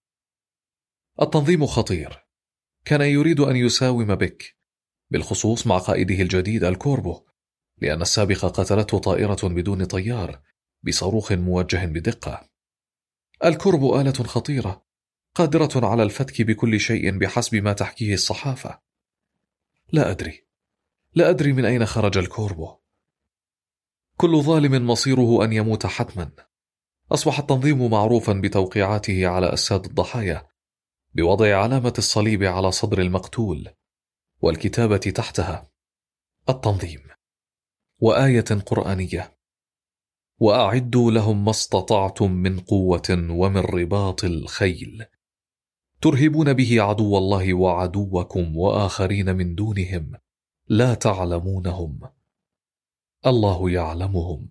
التنظيم خطير، كان يريد أن يساوم بك، بالخصوص مع قائده الجديد الكوربو، لأن السابقة قتلته طائرة بدون طيار بصاروخ موجه بدقة. الكوربو آلة خطيرة قادرة على الفتك بكل شيء بحسب ما تحكيه الصحافة. لا أدري لا أدري من أين خرج الكوربو. كل ظالم مصيره أن يموت حتما. أصبح التنظيم معروفا بتوقيعاته على أجساد الضحايا، بوضع علامة الصليب على صدر المقتول والكتابة تحتها التنظيم، وآية قرآنية: وأعدوا لهم ما استطعتم من قوة ومن رباط الخيل ترهبون به عدو الله وعدوكم وآخرين من دونهم لا تعلمونهم الله يعلمهم.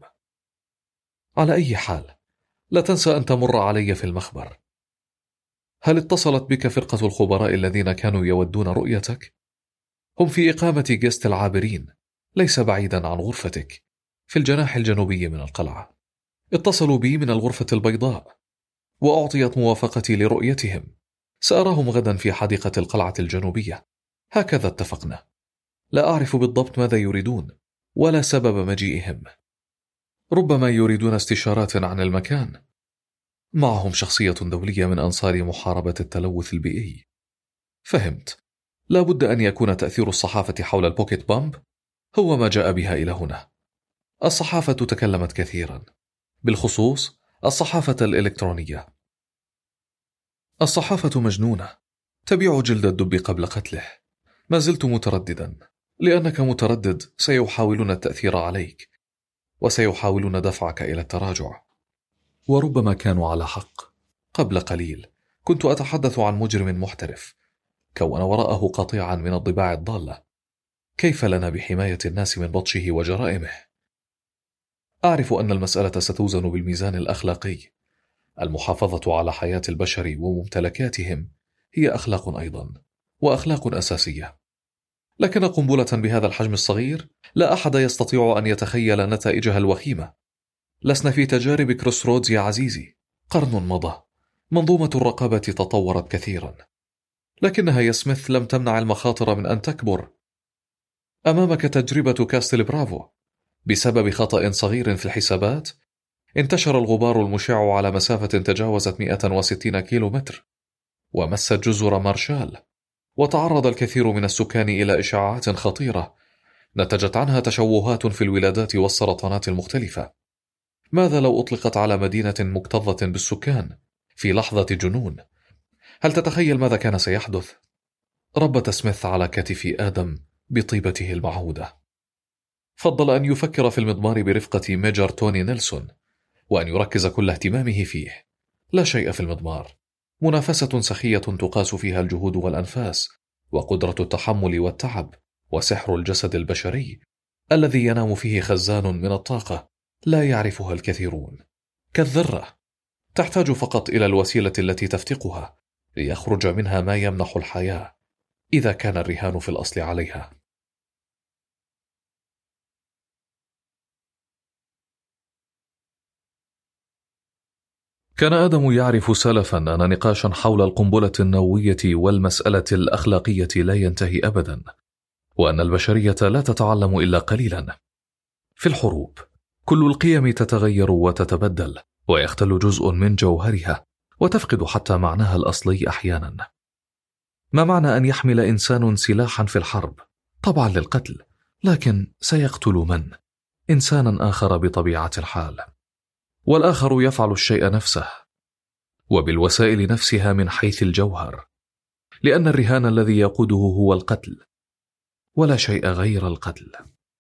على أي حال، لا تنسى أن تمر علي في المخبر. هل اتصلت بك فرقة الخبراء الذين كانوا يودون رؤيتك؟ هم في إقامة جست العابرين، ليس بعيدا عن غرفتك، في الجناح الجنوبي من القلعة. اتصلوا بي من الغرفة البيضاء، وأعطيت موافقتي لرؤيتهم. سأراهم غدا في حديقة القلعة الجنوبية، هكذا اتفقنا. لا أعرف بالضبط ماذا يريدون ولا سبب مجيئهم. ربما يريدون استشارات عن المكان. معهم شخصية دولية من أنصار محاربة التلوث البيئي. فهمت. لا بد أن يكون تأثير الصحافة حول البوكيت بامب هو ما جاء بها إلى هنا. الصحافة تكلمت كثيرا، بالخصوص الصحافة الإلكترونية. الصحافة مجنونة، تبيع جلد الدب قبل قتله. ما زلت مترددا، لأنك متردد سيحاولون التأثير عليك وسيحاولون دفعك إلى التراجع. وربما كانوا على حق. قبل قليل كنت أتحدث عن مجرم محترف كون وراءه قطيعا من الضباع الضالة. كيف لنا بحماية الناس من بطشه وجرائمه؟ أعرف أن المسألة ستوزن بالميزان الأخلاقي. المحافظة على حياة البشر وممتلكاتهم هي أخلاق أيضا، وأخلاق أساسية. لكن قنبلة بهذا الحجم الصغير لا أحد يستطيع أن يتخيل نتائجها الوخيمة. لسنا في تجارب كروسرودز يا عزيزي. قرن مضى، منظومة الرقابة تطورت كثيرا، لكنها يا سميث لم تمنع المخاطر من أن تكبر. أمامك تجربة كاستل برافو. بسبب خطأ صغير في الحسابات انتشر الغبار المشع على مسافة تجاوزت مئة وستين كيلو متر ومست جزر مارشال، وتعرض الكثير من السكان إلى إشعاعات خطيرة نتجت عنها تشوهات في الولادات والسرطانات المختلفة. ماذا لو أطلقت على مدينة مكتظة بالسكان في لحظة جنون؟ هل تتخيل ماذا كان سيحدث؟ ربت سميث على كتف آدم بطيبته المعهودة. فضل أن يفكر في المضمار برفقة ميجر توني نيلسون، وأن يركز كل اهتمامه فيه. لا شيء في المضمار، منافسة سخية تقاس فيها الجهود والأنفاس، وقدرة التحمل والتعب، وسحر الجسد البشري الذي ينام فيه خزان من الطاقة لا يعرفها الكثيرون. كالذرة، تحتاج فقط إلى الوسيلة التي تفتقها ليخرج منها ما يمنح الحياة، إذا كان الرهان في الأصل عليها. كان آدم يعرف سلفا أن نقاشا حول القنبلة النووية والمسألة الأخلاقية لا ينتهي أبدا، وأن البشرية لا تتعلم إلا قليلا. في الحروب كل القيم تتغير وتتبدل، ويختل جزء من جوهرها، وتفقد حتى معناها الأصلي أحيانا. ما معنى أن يحمل إنسان سلاحا في الحرب؟ طبعا للقتل، لكن سيقتل من؟ إنسانا آخر بطبيعة الحال، والآخر يفعل الشيء نفسه وبالوسائل نفسها من حيث الجوهر، لأن الرهان الذي يقوده هو القتل ولا شيء غير القتل.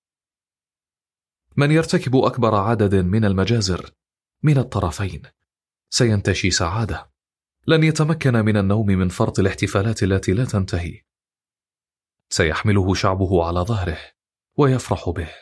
من يرتكب أكبر عدد من المجازر من الطرفين سينتشي سعادة، لن يتمكن من النوم من فرط الاحتفالات التي لا تنتهي. سيحمله شعبه على ظهره ويفرح به،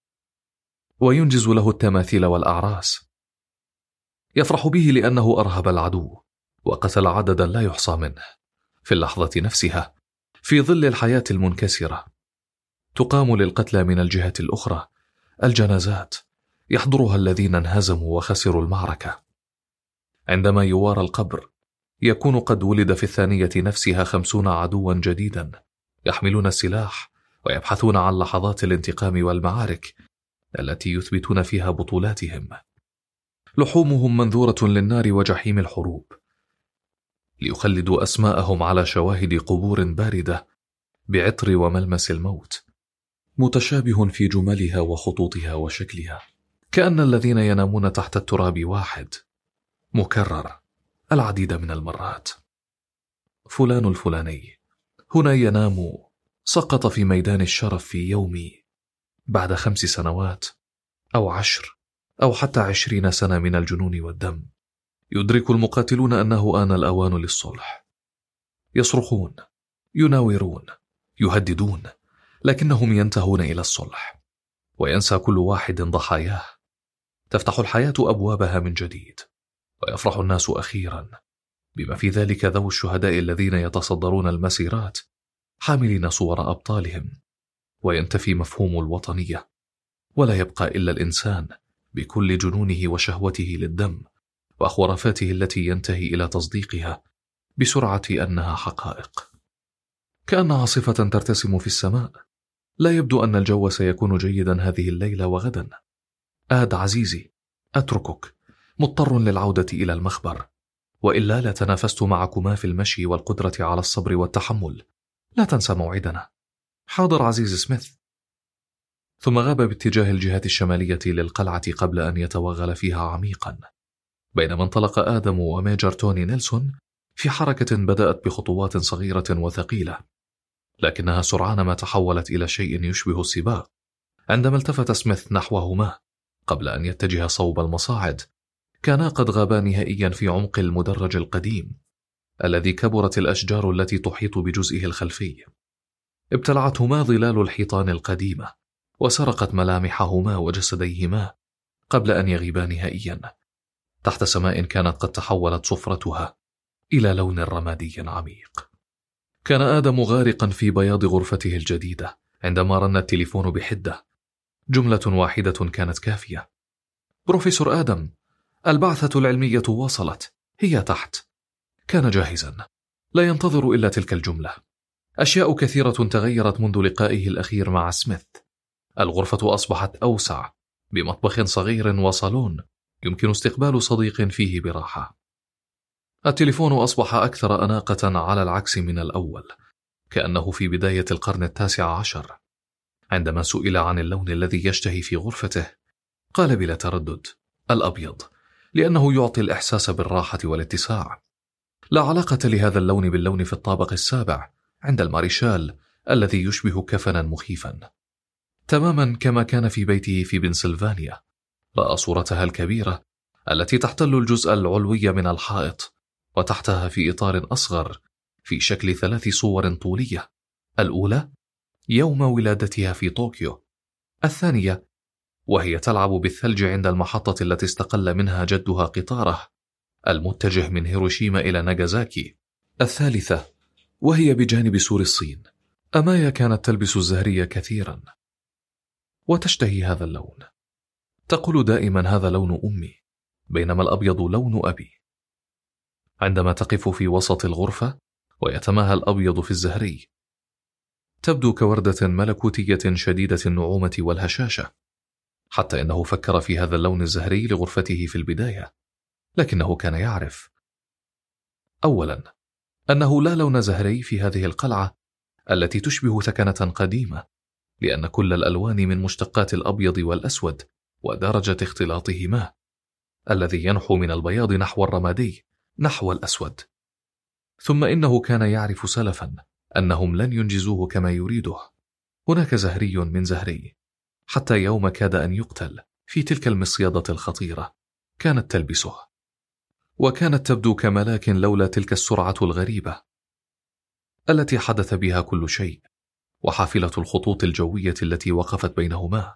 وينجز له التماثيل والأعراس. يفرح به لأنه أرهب العدو وقتل عددا لا يحصى منه. في اللحظة نفسها، في ظل الحياة المنكسرة، تقام للقتلى من الجهة الأخرى الجنازات، يحضرها الذين انهزموا وخسروا المعركة. عندما يوارى القبر، يكون قد ولد في الثانية نفسها خمسون عدوا جديدا يحملون السلاح ويبحثون عن لحظات الانتقام والمعارك التي يثبتون فيها بطولاتهم. لحومهم منذورة للنار وجحيم الحروب، ليخلدوا أسماءهم على شواهد قبور باردة بعطر وملمس الموت، متشابه في جملها وخطوطها وشكلها، كأن الذين ينامون تحت التراب واحد، مكرر العديد من المرات. فلان الفلاني هنا ينام، سقط في ميدان الشرف في يومي بعد خمس سنوات أو عشر أو حتى عشرين سنة من الجنون والدم. يدرك المقاتلون أنه آن الأوان للصلح. يصرخون، يناورون، يهددون، لكنهم ينتهون إلى الصلح، وينسى كل واحد ضحاياه. تفتح الحياة أبوابها من جديد، ويفرح الناس أخيرا، بما في ذلك ذوي الشهداء الذين يتصدرون المسيرات حاملين صور أبطالهم، وينتفي مفهوم الوطنية، ولا يبقى إلا الإنسان بكل جنونه وشهوته للدم وخرافاته التي ينتهي إلى تصديقها بسرعة أنها حقائق. كأن عاصفة ترتسم في السماء. لا يبدو أن الجو سيكون جيدا هذه الليلة وغدا. آد عزيزي، أتركك، مضطر للعودة إلى المخبر، وإلا لتنافست معكما في المشي والقدرة على الصبر والتحمل. لا تنسى موعدنا. حاضر عزيز سميث. ثم غاب باتجاه الجهة الشمالية للقلعة قبل أن يتوغل فيها عميقا، بينما انطلق آدم وميجر توني نيلسون في حركة بدأت بخطوات صغيرة وثقيلة، لكنها سرعان ما تحولت إلى شيء يشبه السباق. عندما التفت سميث نحوهما قبل أن يتجه صوب المصاعد كانا قد غابا نهائيا في عمق المدرج القديم الذي كبرت الأشجار التي تحيط بجزئه الخلفي. ابتلعتهما ظلال الحيطان القديمة وسرقت ملامحهما وجسديهما قبل أن يغيبا نهائيا تحت سماء كانت قد تحولت صفرتها إلى لون رمادي عميق. كان آدم غارقا في بياض غرفته الجديدة عندما رن التليفون بحدة. جملة واحدة كانت كافية: بروفيسور آدم، البعثة العلمية وصلت، هي تحت. كان جاهزا، لا ينتظر إلا تلك الجملة. أشياء كثيرة تغيرت منذ لقائه الأخير مع سميث. الغرفة أصبحت أوسع، بمطبخ صغير وصالون يمكن استقبال صديق فيه براحة. التليفون أصبح أكثر أناقة على العكس من الأول، كأنه في بداية القرن التاسع عشر. عندما سئل عن اللون الذي يشتهي في غرفته قال بلا تردد: الأبيض، لأنه يعطي الإحساس بالراحة والاتساع. لا علاقة لهذا اللون باللون في الطابق السابع عند الماريشال الذي يشبه كفنا مخيفا، تماما كما كان في بيته في بنسلفانيا. رأى صورتها الكبيرة التي تحتل الجزء العلوي من الحائط، وتحتها في إطار أصغر في شكل ثلاث صور طولية: الأولى يوم ولادتها في طوكيو، الثانية وهي تلعب بالثلج عند المحطة التي استقل منها جدها قطاره المتجه من هيروشيما إلى ناغازاكي، الثالثة وهي بجانب سور الصين. أمايا كانت تلبس الزهرية كثيرا وتشتهي هذا اللون. تقول دائما: هذا لون أمي، بينما الأبيض لون أبي. عندما تقف في وسط الغرفة ويتماهى الأبيض في الزهري تبدو كوردة ملكوتية شديدة النعومة والهشاشة، حتى إنه فكر في هذا اللون الزهري لغرفته في البداية، لكنه كان يعرف أولا أنه لا لون زهري في هذه القلعة التي تشبه ثكنة قديمة، لأن كل الألوان من مشتقات الأبيض والأسود ودرجة اختلاطهما الذي ينحو من البياض نحو الرمادي نحو الأسود. ثم إنه كان يعرف سلفا أنهم لن ينجزوه كما يريده. هناك زهري من زهري، حتى يوم كاد أن يقتل في تلك المصيدة الخطيرة كانت تلبسه، وكانت تبدو كملاك لولا تلك السرعة الغريبة التي حدث بها كل شيء، وحافلة الخطوط الجوية التي وقفت بينهما.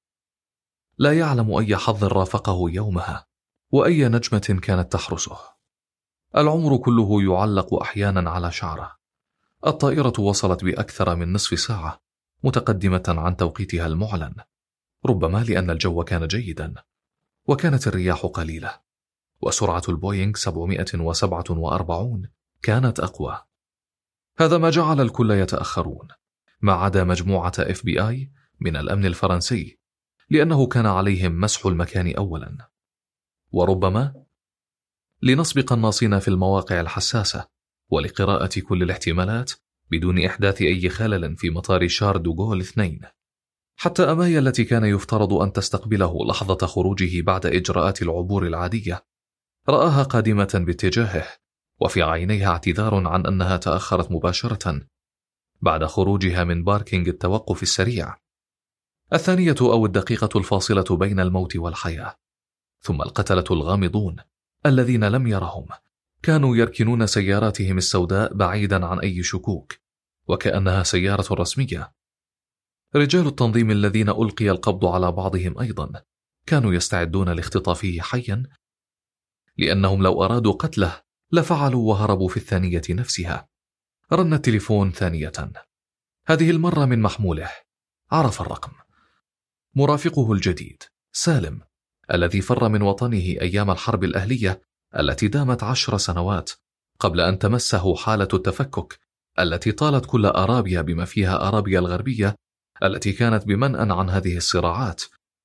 لا يعلم أي حظ رافقه يومها وأي نجمة كانت تحرسه. العمر كله يعلق أحيانا على شعره. الطائرة وصلت بأكثر من نصف ساعة متقدمة عن توقيتها المعلن، ربما لأن الجو كان جيدا وكانت الرياح قليلة، وسرعة البوينغ سبعمائة وسبعة وأربعين كانت أقوى. هذا ما جعل الكل يتأخرون ما عدا مجموعة إف بي آي من الأمن الفرنسي، لأنه كان عليهم مسح المكان أولا، وربما لنسبق الناصين في المواقع الحساسة ولقراءة كل الاحتمالات بدون إحداث أي خلل في مطار شار دوغول اثنين. حتى أمايا التي كان يفترض أن تستقبله لحظة خروجه بعد إجراءات العبور العادية رآها قادمة باتجاهه، وفي عينيها اعتذار عن أنها تأخرت مباشرة بعد خروجها من باركينج التوقف السريع، الثانية أو الدقيقة الفاصلة بين الموت والحياة. ثم القتلة الغامضون الذين لم يرهم كانوا يركنون سياراتهم السوداء بعيدا عن أي شكوك وكأنها سيارة رسمية. رجال التنظيم الذين ألقي القبض على بعضهم أيضا كانوا يستعدون لاختطافه حيا، لأنهم لو أرادوا قتله لفعلوا وهربوا في الثانية نفسها. رن التليفون ثانية، هذه المرة من محموله. عرف الرقم. مرافقه الجديد سالم، الذي فر من وطنه أيام الحرب الأهلية التي دامت عشر سنوات قبل أن تمسه حالة التفكك التي طالت كل أرابيا بما فيها أرابيا الغربية التي كانت بمنأى عن هذه الصراعات،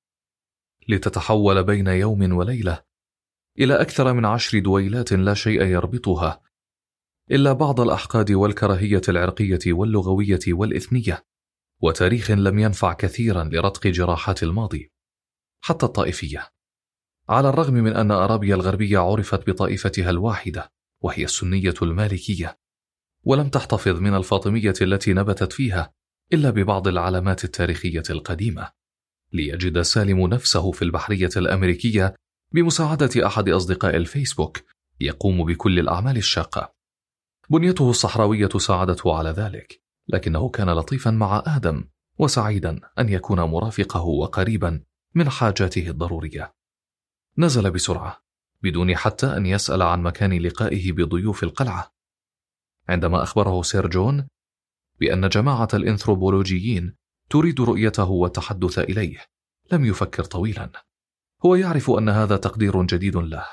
لتتحول بين يوم وليلة إلى أكثر من عشر دويلات لا شيء يربطها إلا بعض الأحقاد والكراهية العرقية واللغوية والإثنية، وتاريخ لم ينفع كثيرا لرتق جراحات الماضي حتى الطائفية. على الرغم من أن أرابيا الغربية عرفت بطائفتها الواحدة وهي السنية المالكية، ولم تحتفظ من الفاطمية التي نبتت فيها إلا ببعض العلامات التاريخية القديمة، ليجد سالم نفسه في البحرية الأمريكية بمساعدة أحد أصدقاء الفيسبوك يقوم بكل الأعمال الشاقة. بنيته الصحراوية ساعدته على ذلك، لكنه كان لطيفا مع آدم وسعيدا أن يكون مرافقه وقريبا من حاجاته الضرورية. نزل بسرعة بدون حتى أن يسأل عن مكان لقائه بضيوف القلعة. عندما أخبره سير جون بأن جماعة الإنثروبولوجيين تريد رؤيته والتحدث إليه، لم يفكر طويلا. هو يعرف أن هذا تقدير جديد له،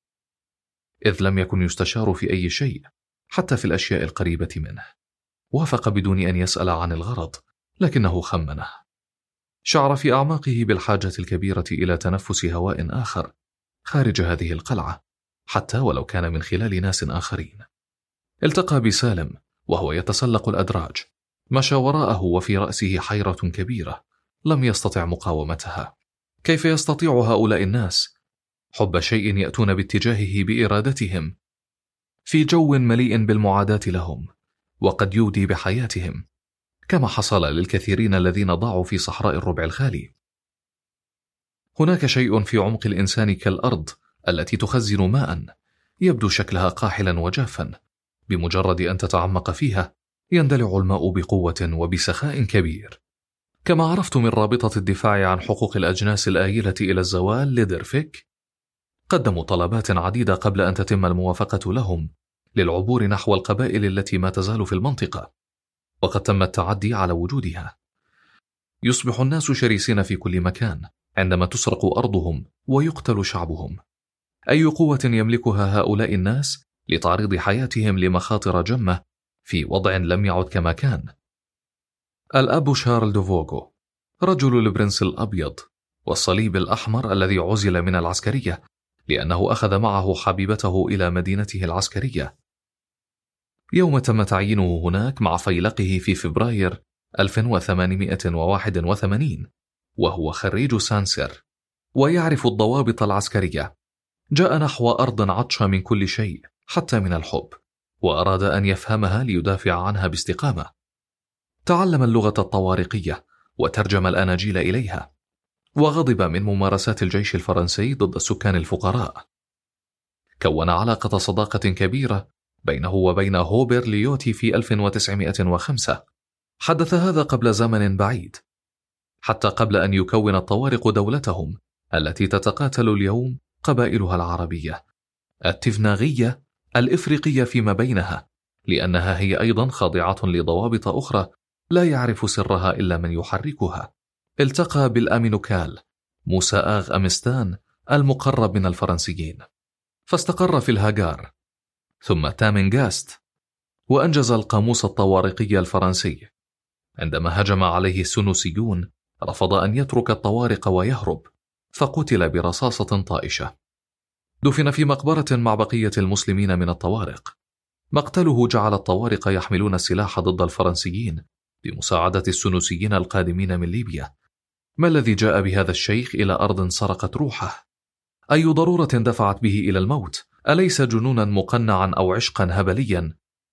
إذ لم يكن يستشار في أي شيء حتى في الأشياء القريبة منه. وافق بدون أن يسأل عن الغرض، لكنه خمنه. شعر في أعماقه بالحاجة الكبيرة إلى تنفس هواء آخر خارج هذه القلعة، حتى ولو كان من خلال ناس آخرين. التقى بسالم وهو يتسلق الأدراج، مشى وراءه وفي رأسه حيرة كبيرة لم يستطع مقاومتها. كيف يستطيع هؤلاء الناس حب شيء يأتون باتجاهه بإرادتهم في جو مليء بالمعاداة لهم وقد يودي بحياتهم، كما حصل للكثيرين الذين ضاعوا في صحراء الربع الخالي؟ هناك شيء في عمق الإنسان كالأرض التي تخزن ماء، يبدو شكلها قاحلا وجافا، بمجرد أن تتعمق فيها يندلع الماء بقوة وبسخاء كبير. كما عرفت من رابطة الدفاع عن حقوق الأجناس الآيلة إلى الزوال لدرفيك، قدموا طلبات عديدة قبل أن تتم الموافقة لهم للعبور نحو القبائل التي ما تزال في المنطقة، وقد تم التعدي على وجودها. يصبح الناس شرسين في كل مكان عندما تسرق أرضهم ويقتل شعبهم. أي قوة يملكها هؤلاء الناس لتعريض حياتهم لمخاطر جمة في وضع لم يعد كما كان؟ الأب شارل دوفوغو، رجل البرنس الأبيض والصليب الأحمر الذي عزل من العسكرية لأنه أخذ معه حبيبته إلى مدينته العسكرية يوم تم تعيينه هناك مع فيلقه في فبراير ألف وثمانمائة وواحد وثمانين، وهو خريج سانسير ويعرف الضوابط العسكرية. جاء نحو أرض عطشة من كل شيء حتى من الحب، وأراد أن يفهمها ليدافع عنها باستقامة. تعلم اللغة الطوارقية وترجم الأناجيل إليها، وغضب من ممارسات الجيش الفرنسي ضد السكان الفقراء. كون علاقة صداقة كبيرة بينه وبين هوبر ليوتي في ألف وتسعمائة وخمسة. حدث هذا قبل زمن بعيد، حتى قبل أن يكون الطوارق دولتهم التي تتقاتل اليوم قبائلها العربية التفناغية الإفريقية فيما بينها، لأنها هي أيضا خاضعة لضوابط أخرى لا يعرف سرها إلا من يحركها. التقى بالأمينوكال موسى آغ أمستان المقرب من الفرنسيين، فاستقر في الهاجار، ثم تامنغاست، وأنجز القاموس الطوارقي الفرنسي. عندما هجم عليه السنوسيون رفض أن يترك الطوارق ويهرب، فقتل برصاصة طائشة. دفن في مقبرة مع بقية المسلمين من الطوارق. مقتله جعل الطوارق يحملون السلاح ضد الفرنسيين بمساعدة السنوسيين القادمين من ليبيا. ما الذي جاء بهذا الشيخ إلى أرض سرقت روحه؟ أي ضرورة دفعت به إلى الموت؟ أليس جنونا مقنعا أو عشقا هبليا؟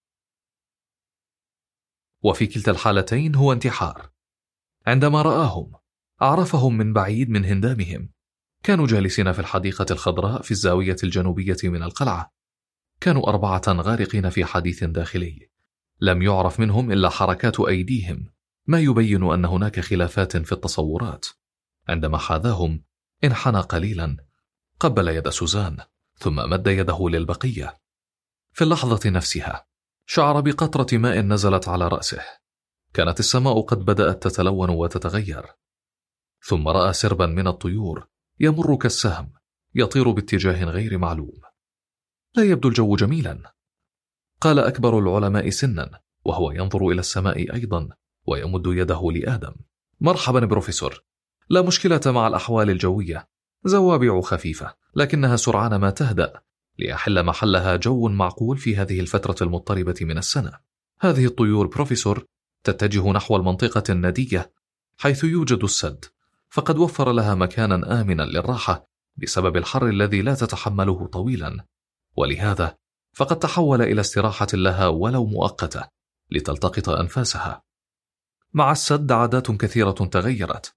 وفي كلتا الحالتين هو انتحار. عندما رآهم عرفهم من بعيد من هندامهم. كانوا جالسين في الحديقة الخضراء في الزاوية الجنوبية من القلعة. كانوا أربعة غارقين في حديث داخلي، لم يعرف منهم إلا حركات أيديهم، ما يبين أن هناك خلافات في التصورات. عندما حاذاهم انحنى قليلا، قبل يد سوزان، ثم مد يده للبقية. في اللحظة نفسها شعر بقطرة ماء نزلت على رأسه. كانت السماء قد بدأت تتلون وتتغير. ثم رأى سربا من الطيور يمر كالسهم يطير باتجاه غير معلوم. لا يبدو الجو جميلا، قال أكبر العلماء سنا وهو ينظر إلى السماء أيضا ويمد يده لآدم. مرحبا بروفيسور، لا مشكلة مع الأحوال الجوية، زوابع خفيفة لكنها سرعان ما تهدأ ليحل محلها جو معقول في هذه الفترة المضطربة من السنة. هذه الطيور بروفيسور تتجه نحو المنطقة الندية حيث يوجد السد، فقد وفر لها مكانا آمنا للراحة بسبب الحر الذي لا تتحمله طويلا، ولهذا فقد تحول إلى استراحة لها ولو مؤقتة لتلتقط أنفاسها. مع السد عادات كثيرة تغيرت.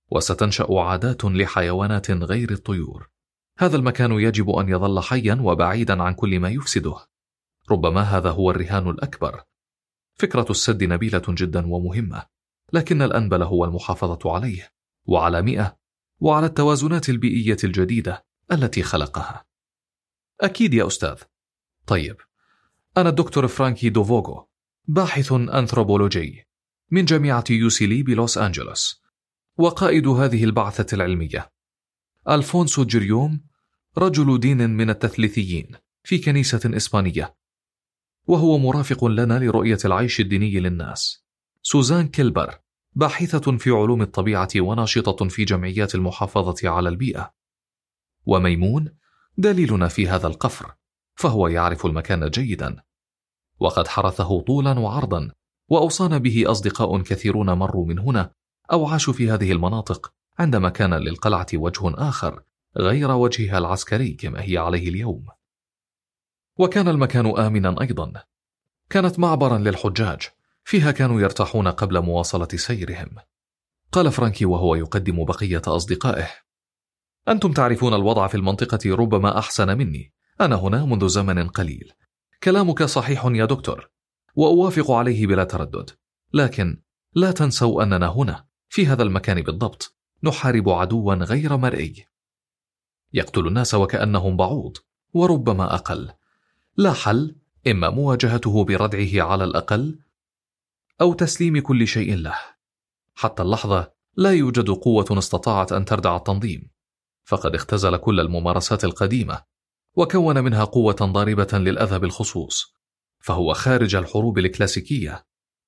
وستنشأ عادات لحيوانات غير الطيور. هذا المكان يجب أن يظل حيا وبعيدا عن كل ما يفسده. ربما هذا هو الرهان الأكبر. فكرة السد نبيلة جدا ومهمة، لكن الأنبل هو المحافظة عليه وعلى مئة وعلى التوازنات البيئية الجديدة التي خلقها. أكيد يا أستاذ. طيب، أنا الدكتور فرانكي دوفوغو، باحث أنثروبولوجي من جامعة يوسيلي بلوس أنجلوس، وقائد هذه البعثة العلمية. ألفونسو جيريوم رجل دين من التثليثيين في كنيسة إسبانية، وهو مرافق لنا لرؤية العيش الديني للناس. سوزان كيلبر باحثة في علوم الطبيعة وناشطة في جمعيات المحافظة على البيئة. وميمون دليلنا في هذا القفر، فهو يعرف المكان جيدا وقد حرثه طولا وعرضا، وأوصانا به أصدقاء كثيرون مروا من هنا أو عاشوا في هذه المناطق عندما كان للقلعة وجه آخر غير وجهها العسكري كما هي عليه اليوم. وكان المكان آمنا أيضا، كانت معبرا للحجاج، فيها كانوا يرتاحون قبل مواصلة سيرهم. قال فرانكي وهو يقدم بقية أصدقائه: أنتم تعرفون الوضع في المنطقة ربما أحسن مني، أنا هنا منذ زمن قليل. كلامك صحيح يا دكتور، وأوافق عليه بلا تردد، لكن لا تنسوا أننا هنا في هذا المكان بالضبط نحارب عدوا غير مرئي يقتل الناس وكأنهم بعوض وربما أقل. لا حل، إما مواجهته بردعه على الأقل أو تسليم كل شيء له. حتى اللحظة لا يوجد قوة استطاعت أن تردع التنظيم، فقد اختزل كل الممارسات القديمة وكون منها قوة ضاربة للأذى بالخصوص، فهو خارج الحروب الكلاسيكية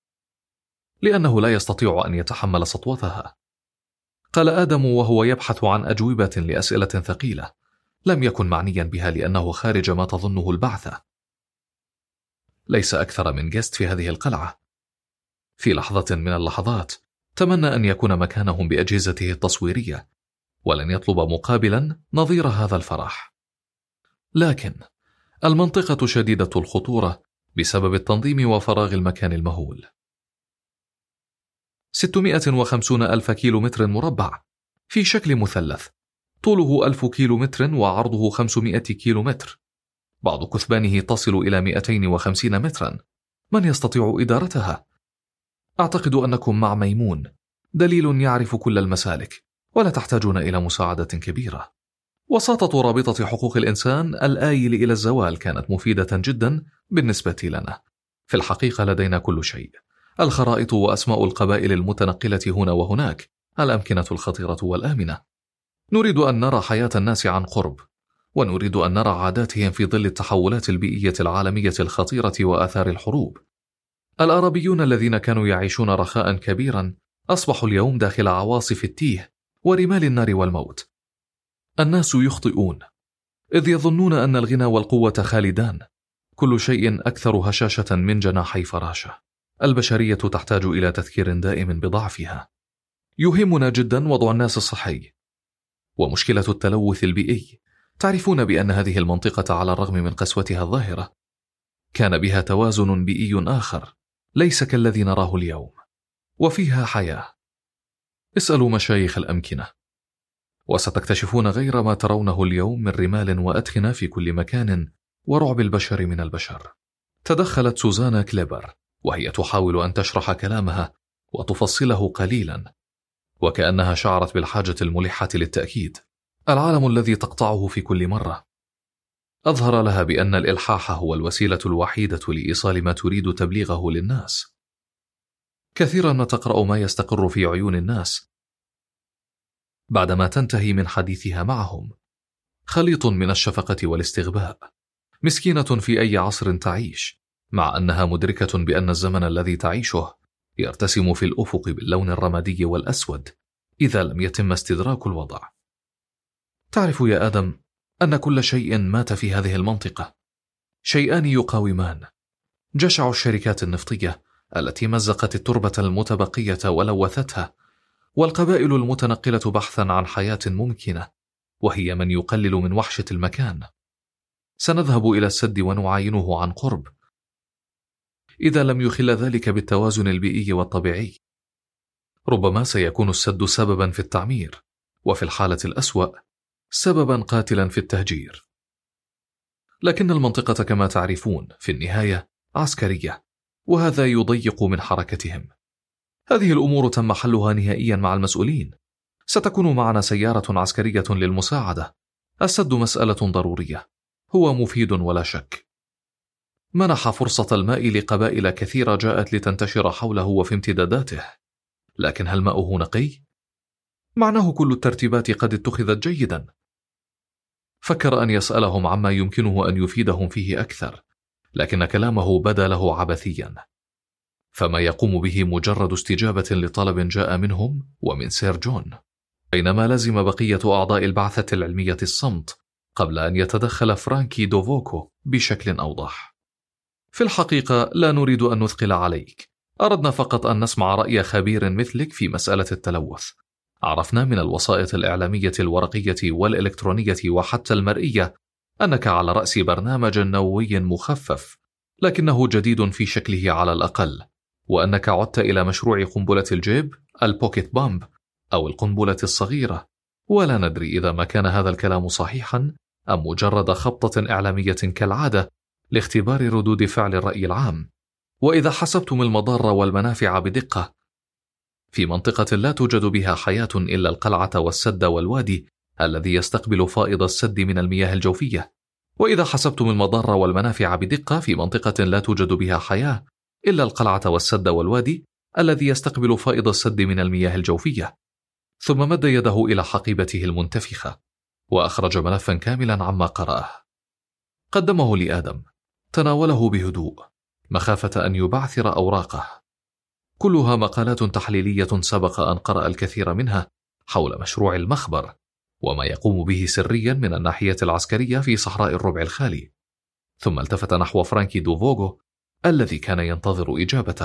لأنه لا يستطيع أن يتحمل سطوتها. قال آدم وهو يبحث عن أجوبة لأسئلة ثقيلة لم يكن معنيا بها لأنه خارج ما تظنه البعثة. ليس أكثر من جست في هذه القلعة. في لحظة من اللحظات تمنى أن يكون مكانهم بأجهزته التصويرية، ولن يطلب مقابلا نظير هذا الفرح. لكن المنطقة شديدة الخطورة بسبب التنظيم وفراغ المكان المهول. ستمائة وخمسين ألف كيلومتر مربع في شكل مثلث، طوله ألف كيلومتر وعرضه خمسمائة كيلومتر، بعض كثبانه تصل إلى مئتين وخمسين مترا. من يستطيع إدارتها؟ أعتقد أنكم مع ميمون، دليل يعرف كل المسالك، ولا تحتاجون إلى مساعدة كبيرة. وساطة رابطة حقوق الإنسان الآيل إلى الزوال كانت مفيدة جدا بالنسبة لنا. في الحقيقة لدينا كل شيء: الخرائط وأسماء القبائل المتنقلة هنا وهناك، الأمكنة الخطيرة والآمنة. نريد أن نرى حياة الناس عن قرب، ونريد أن نرى عاداتهم في ظل التحولات البيئية العالمية الخطيرة وآثار الحروب. الأعرابيون الذين كانوا يعيشون رخاء كبيرا أصبحوا اليوم داخل عواصف التيه ورمال النار والموت. الناس يخطئون إذ يظنون أن الغنى والقوة خالدان. كل شيء أكثر هشاشة من جناحي فراشة. البشرية تحتاج إلى تذكير دائم بضعفها. يهمنا جدا وضع الناس الصحي ومشكلة التلوث البيئي. تعرفون بأن هذه المنطقة على الرغم من قسوتها الظاهرة كان بها توازن بيئي آخر ليس كالذي نراه اليوم، وفيها حياة. اسألوا مشايخ الأمكنة وستكتشفون غير ما ترونه اليوم من رمال وأدخنة في كل مكان ورعب البشر من البشر. تدخلت سوزانا كليبر وهي تحاول أن تشرح كلامها وتفصله قليلا، وكأنها شعرت بالحاجة الملحة للتأكيد. العالم الذي تقطعه في كل مرة. أظهر لها بأن الإلحاح هو الوسيلة الوحيدة لإيصال ما تريد تبليغه للناس. كثيرا ما تقرأ ما يستقر في عيون الناس بعدما تنتهي من حديثها معهم، خليط من الشفقة والاستغباء. مسكينة في أي عصر تعيش، مع أنها مدركة بأن الزمن الذي تعيشه يرتسم في الأفق باللون الرمادي والأسود إذا لم يتم استدراك الوضع. تعرف يا آدم أن كل شيء مات في هذه المنطقة. شيئان يقاومان: جشع الشركات النفطية التي مزقت التربة المتبقية ولوثتها، والقبائل المتنقلة بحثا عن حياة ممكنة، وهي من يقلل من وحشة المكان. سنذهب إلى السد ونعاينه عن قرب إذا لم يخل ذلك بالتوازن البيئي والطبيعي. ربما سيكون السد سببا في التعمير، وفي الحالة الأسوأ سببا قاتلا في التهجير. لكن المنطقة كما تعرفون في النهاية عسكرية، وهذا يضيق من حركتهم. هذه الأمور تم حلها نهائيا مع المسؤولين. ستكون معنا سيارة عسكرية للمساعدة. السد مسألة ضرورية، هو مفيد ولا شك. منح فرصة الماء لقبائل كثيرة جاءت لتنتشر حوله وفي امتداداته، لكن هل ماؤه نقي؟ معناه كل الترتيبات قد اتخذت جيدا. فكر أن يسألهم عما يمكنه أن يفيدهم فيه أكثر، لكن كلامه بدا له عبثيا، فما يقوم به مجرد استجابة لطلب جاء منهم ومن سير جون، بينما لزم بقية أعضاء البعثة العلمية الصمت قبل أن يتدخل فرانكي دوفوكو بشكل أوضح. في الحقيقة لا نريد أن نثقل عليك، أردنا فقط أن نسمع رأي خبير مثلك في مسألة التلوث. عرفنا من الوسائط الإعلامية الورقية والإلكترونية وحتى المرئية أنك على رأس برنامج نووي مخفف، لكنه جديد في شكله على الأقل، وأنك عدت إلى مشروع قنبلة الجيب البوكيت بامب أو القنبلة الصغيرة، ولا ندري إذا ما كان هذا الكلام صحيحا أم مجرد خبطة إعلامية كالعادة لاختبار ردود فعل الرأي العام. وإذا حسبتم المضار والمنافع بدقة، في منطقة لا توجد بها حياة إلا القلعة والسد والوادي الذي يستقبل فائض السد من المياه الجوفية، وإذا حسبتم المضار والمنافع بدقة، في منطقة لا توجد بها حياة إلا القلعة والسد والوادي الذي يستقبل فائض السد من المياه الجوفية. ثم مد يده إلى حقيبته المنتفخة وأخرج ملفا كاملا عما قرأه. قدمه لآدم، تناوله بهدوء مخافة أن يبعثر أوراقه، كلها مقالات تحليلية سبق أن قرأ الكثير منها حول مشروع المخبر وما يقوم به سريا من الناحية العسكرية في صحراء الربع الخالي. ثم التفت نحو فرانكي دوفوغو الذي كان ينتظر إجابته.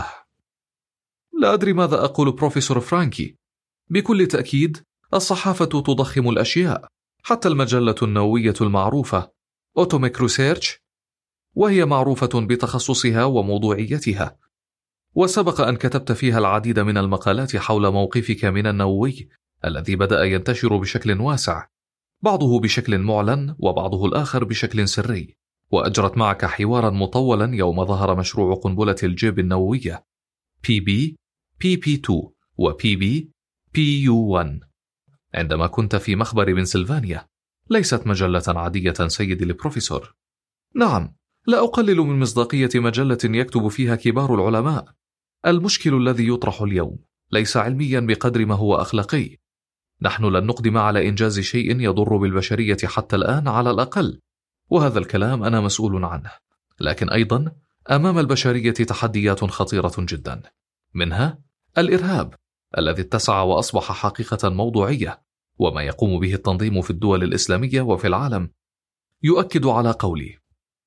لا أدري ماذا أقول بروفيسور فرانكي. بكل تأكيد الصحافة تضخم الأشياء، حتى المجلة النووية المعروفة أوتوميك ريسيرش، وهي معروفة بتخصصها وموضوعيتها، وسبق أن كتبت فيها العديد من المقالات حول موقفك من النووي الذي بدأ ينتشر بشكل واسع، بعضه بشكل معلن وبعضه الآخر بشكل سري، وأجرت معك حوارا مطولا يوم ظهر مشروع قنبلة الجيب النووية بي بي بي بي اثنين و بي بي بي يو واحد عندما كنت في مخبر بنسلفانيا. ليست مجلة عادية سيدي البروفيسور. نعم، لا أقلل من مصداقية مجلة يكتب فيها كبار العلماء. المشكل الذي يطرح اليوم ليس علميا بقدر ما هو أخلاقي. نحن لن نقدم على إنجاز شيء يضر بالبشرية حتى الآن على الأقل، وهذا الكلام أنا مسؤول عنه. لكن أيضا أمام البشرية تحديات خطيرة جدا، منها الإرهاب الذي اتسع وأصبح حقيقة موضوعية، وما يقوم به التنظيم في الدول الإسلامية وفي العالم يؤكد على قولي.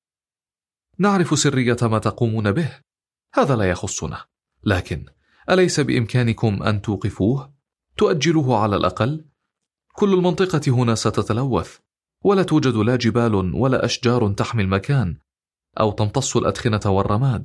نعرف سرية ما تقومون به، هذا لا يخصنا، لكن أليس بإمكانكم أن توقفوه؟ تؤجلوه على الأقل؟ كل المنطقة هنا ستتلوث، ولا توجد لا جبال ولا أشجار تحمي المكان أو تمتص الأدخنة والرماد،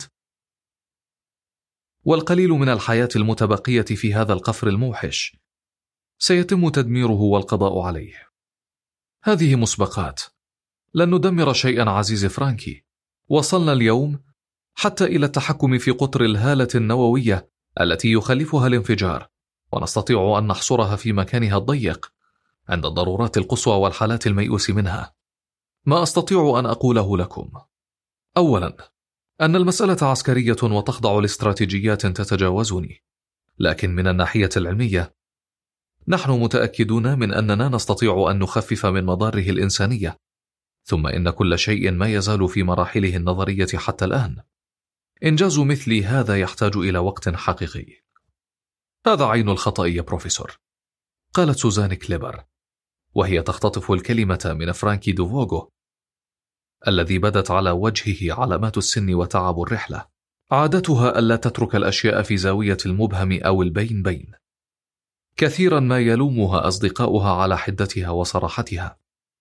والقليل من الحياة المتبقية في هذا القفر الموحش سيتم تدميره والقضاء عليه. هذه مسبقات، لن ندمر شيئا عزيز فرانكي. وصلنا اليوم حتى إلى التحكم في قطر الهالة النووية التي يخلفها الانفجار، ونستطيع أن نحصرها في مكانها الضيق عند الضرورات القصوى والحالات الميؤوس منها. ما أستطيع أن أقوله لكم: أولا، أن المسألة عسكرية وتخضع لاستراتيجيات تتجاوزني، لكن من الناحية العلمية نحن متأكدون من أننا نستطيع أن نخفف من مضاره الإنسانية، ثم إن كل شيء ما يزال في مراحله النظرية حتى الآن. إنجاز مثل هذا يحتاج إلى وقت حقيقي. هذا عين الخطأ يا بروفيسور، قالت سوزان كليبر وهي تختطف الكلمة من فرانكي دوفوغو الذي بدت على وجهه علامات السن وتعب الرحلة. عادتها ألا تترك الأشياء في زاوية المبهم أو البين بين. كثيرا ما يلومها أصدقاؤها على حدتها وصراحتها.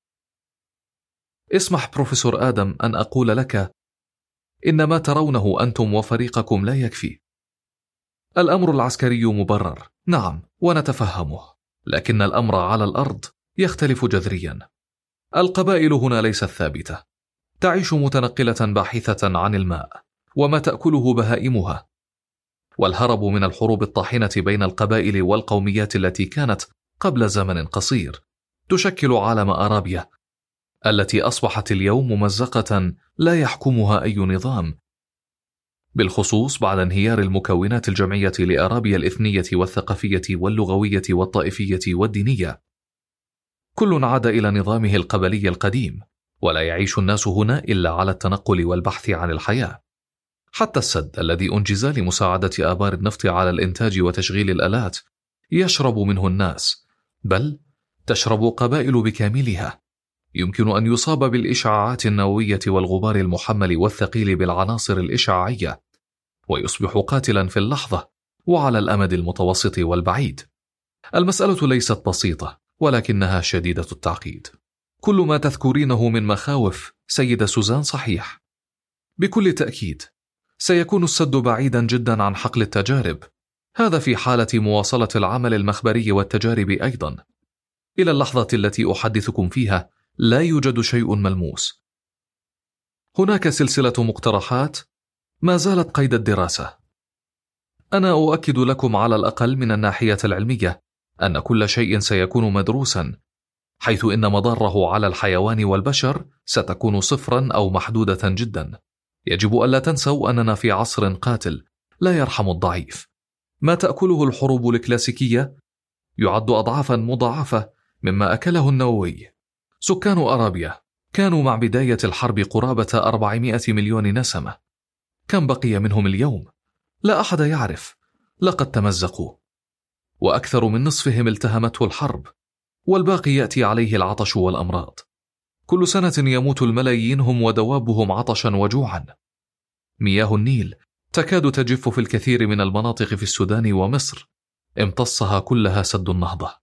اسمح بروفيسور آدم أن أقول لك إن ما ترونه أنتم وفريقكم لا يكفي. الأمر العسكري مبرر نعم، ونتفهمه، لكن الأمر على الأرض يختلف جذريا. القبائل هنا ليست ثابتة، تعيش متنقلة باحثة عن الماء وما تأكله بهائمها، والهرب من الحروب الطاحنة بين القبائل والقوميات التي كانت قبل زمن قصير تشكل عالم أرابيا التي أصبحت اليوم ممزقة لا يحكمها أي نظام، بالخصوص بعد انهيار المكونات الجمعية لأرابيا الإثنية والثقافية واللغوية والطائفية والدينية. كل عاد إلى نظامه القبلي القديم، ولا يعيش الناس هنا إلا على التنقل والبحث عن الحياة. حتى السد الذي أنجز لمساعدة آبار النفط على الإنتاج وتشغيل الآلات يشرب منه الناس، بل تشرب قبائل بكاملها. يمكن أن يصاب بالإشعاعات النووية والغبار المحمل والثقيل بالعناصر الإشعاعية، ويصبح قاتلا في اللحظة وعلى الأمد المتوسط والبعيد. المسألة ليست بسيطة، ولكنها شديدة التعقيد. كل ما تذكرينه من مخاوف سيدة سوزان صحيح. بكل تأكيد سيكون السد بعيدا جدا عن حقل التجارب، هذا في حالة مواصلة العمل المخبري والتجارب أيضا. إلى اللحظة التي أحدثكم فيها لا يوجد شيء ملموس. هناك سلسلة مقترحات ما زالت قيد الدراسة. أنا أؤكد لكم على الأقل من الناحية العلمية أن كل شيء سيكون مدروسا، حيث إن مضاره على الحيوان والبشر ستكون صفرا أو محدودة جدا. يجب ألا تنسوا أننا في عصر قاتل لا يرحم الضعيف. ما تأكله الحروب الكلاسيكية يعد أضعافا مضاعفة مما أكله النووي. سكان أرابيا كانوا مع بداية الحرب قرابة أربعمائة مليون نسمة. كم بقي منهم اليوم؟ لا أحد يعرف، لقد تمزقوا، وأكثر من نصفهم التهمته الحرب، والباقي يأتي عليه العطش والأمراض. كل سنة يموت الملايين هم ودوابهم عطشا وجوعا. مياه النيل تكاد تجف في الكثير من المناطق في السودان ومصر، امتصها كلها سد النهضة.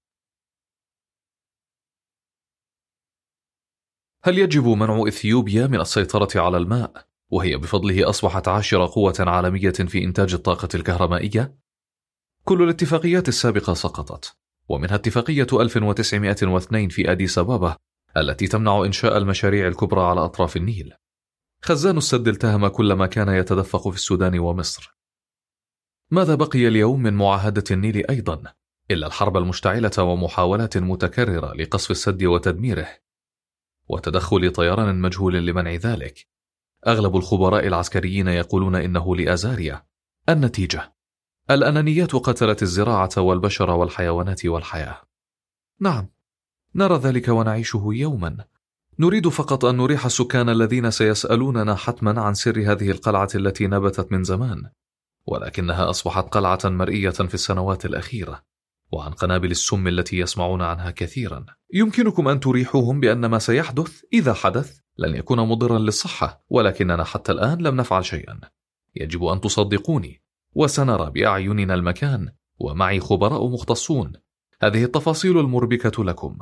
هل يجب منع إثيوبيا من السيطرة على الماء، وهي بفضله أصبحت عاشر قوة عالمية في إنتاج الطاقة الكهربائية؟ كل الاتفاقيات السابقة سقطت، ومنها اتفاقية ألف وتسعمائة واثنين في أديس أبابا التي تمنع إنشاء المشاريع الكبرى على أطراف النيل. خزان السد التهم كل ما كان يتدفق في السودان ومصر. ماذا بقي اليوم من معاهدة النيل أيضا إلا الحرب المشتعلة ومحاولات متكررة لقصف السد وتدميره، وتدخل طيران مجهول لمنع ذلك. أغلب الخبراء العسكريين يقولون إنه لأزاريا. النتيجة: الأنانيات قتلت الزراعة والبشر والحيوانات والحياة. نعم، نرى ذلك ونعيشه يوما. نريد فقط أن نريح السكان الذين سيسألوننا حتما عن سر هذه القلعة التي نبتت من زمان، ولكنها أصبحت قلعة مرئية في السنوات الأخيرة، وعن قنابل السم التي يسمعون عنها كثيرا. يمكنكم أن تريحوهم بأن ما سيحدث إذا حدث لن يكون مضرا للصحة، ولكننا حتى الآن لم نفعل شيئا. يجب أن تصدقوني، وسنرى بأعيننا المكان، ومعي خبراء مختصون. هذه التفاصيل المربكة لكم،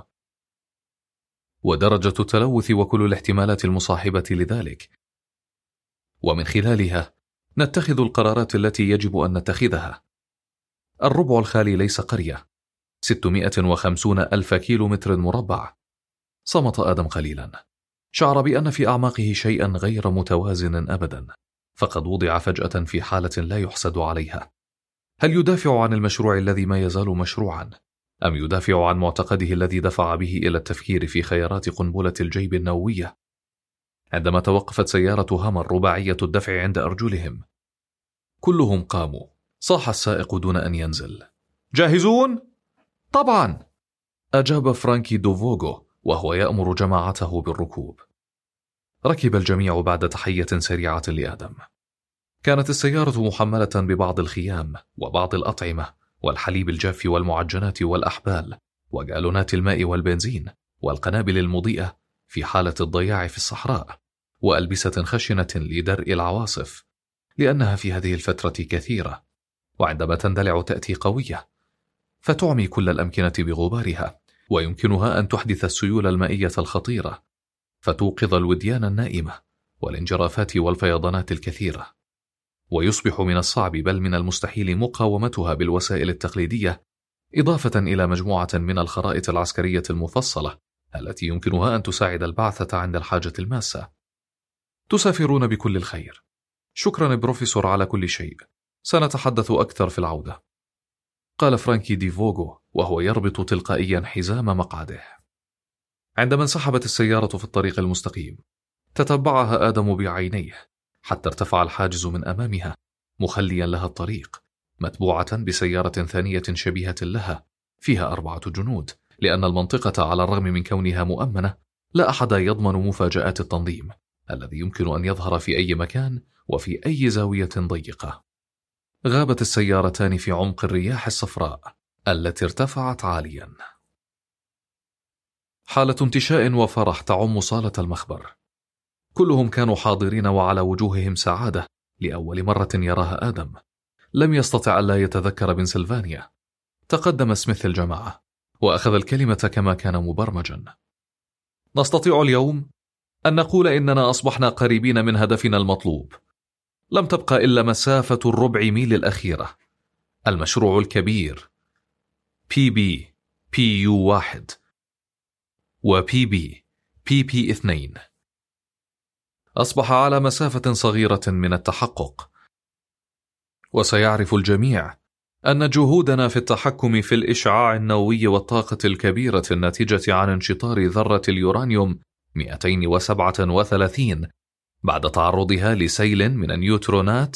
ودرجة التلوث وكل الاحتمالات المصاحبة لذلك، ومن خلالها نتخذ القرارات التي يجب أن نتخذها. الربع الخالي ليس قرية. ستمائة وخمسون ألف كيلو متر مربع. صمت آدم قليلا، شعر بأن في أعماقه شيئا غير متوازن أبدا، فقد وضع فجأة في حالة لا يحسد عليها. هل يدافع عن المشروع الذي ما يزال مشروعا، أم يدافع عن معتقده الذي دفع به إلى التفكير في خيارات قنبلة الجيب النووية؟ عندما توقفت سيارة هامر رباعية الدفع عند أرجلهم، كلهم قاموا. صاح السائق دون أن ينزل: جاهزون؟ طبعا، أجاب فرانكي دوفوغو وهو يأمر جماعته بالركوب. ركب الجميع بعد تحية سريعة لآدم. كانت السيارة محملة ببعض الخيام وبعض الأطعمة والحليب الجاف والمعجنات والأحبال وجالونات الماء والبنزين والقنابل المضيئة في حالة الضياع في الصحراء، وألبسة خشنة لدرء العواصف، لأنها في هذه الفترة كثيرة، وعندما تندلع تأتي قوية فتعمي كل الأمكنة بغبارها، ويمكنها أن تحدث السيول المائية الخطيرة، فتوقظ الوديان النائمة والانجرافات والفيضانات الكثيرة، ويصبح من الصعب بل من المستحيل مقاومتها بالوسائل التقليدية إضافة إلى مجموعة من الخرائط العسكرية المفصلة التي يمكنها أن تساعد البعثة عند الحاجة الماسة. تسافرون بكل الخير. شكرا بروفيسور على كل شيء. سنتحدث أكثر في العودة، قال فرانكي دي فوغو وهو يربط تلقائيا حزام مقعده. عندما انسحبت السيارة في الطريق المستقيم تتبعها آدم بعينيه حتى ارتفع الحاجز من أمامها مخليا لها الطريق، متبوعة بسيارة ثانية شبيهة لها فيها أربعة جنود، لأن المنطقة على الرغم من كونها مؤمنة لا أحد يضمن مفاجآت التنظيم الذي يمكن أن يظهر في أي مكان وفي أي زاوية ضيقة. غابت السيارتان في عمق الرياح الصفراء التي ارتفعت عاليا. حالة انتشاء وفرح تعم صالة المخبر. كلهم كانوا حاضرين وعلى وجوههم سعادة لأول مرة يراها آدم. لم يستطع ألا يتذكر بنسلفانيا. تقدم سميث الجماعة وأخذ الكلمة كما كان مبرمجا. نستطيع اليوم أن نقول إننا أصبحنا قريبين من هدفنا المطلوب. لم تبقى إلا مسافة الربع ميل الأخيرة. المشروع الكبير بي بي بي يو واحد وبي بي بي بي اثنين أصبح على مسافة صغيرة من التحقق، وسيعرف الجميع أن جهودنا في التحكم في الإشعاع النووي والطاقة الكبيرة الناتجة عن انشطار ذرة اليورانيوم مئتين وسبعة وثلاثين بعد تعرضها لسيل من النيوترونات،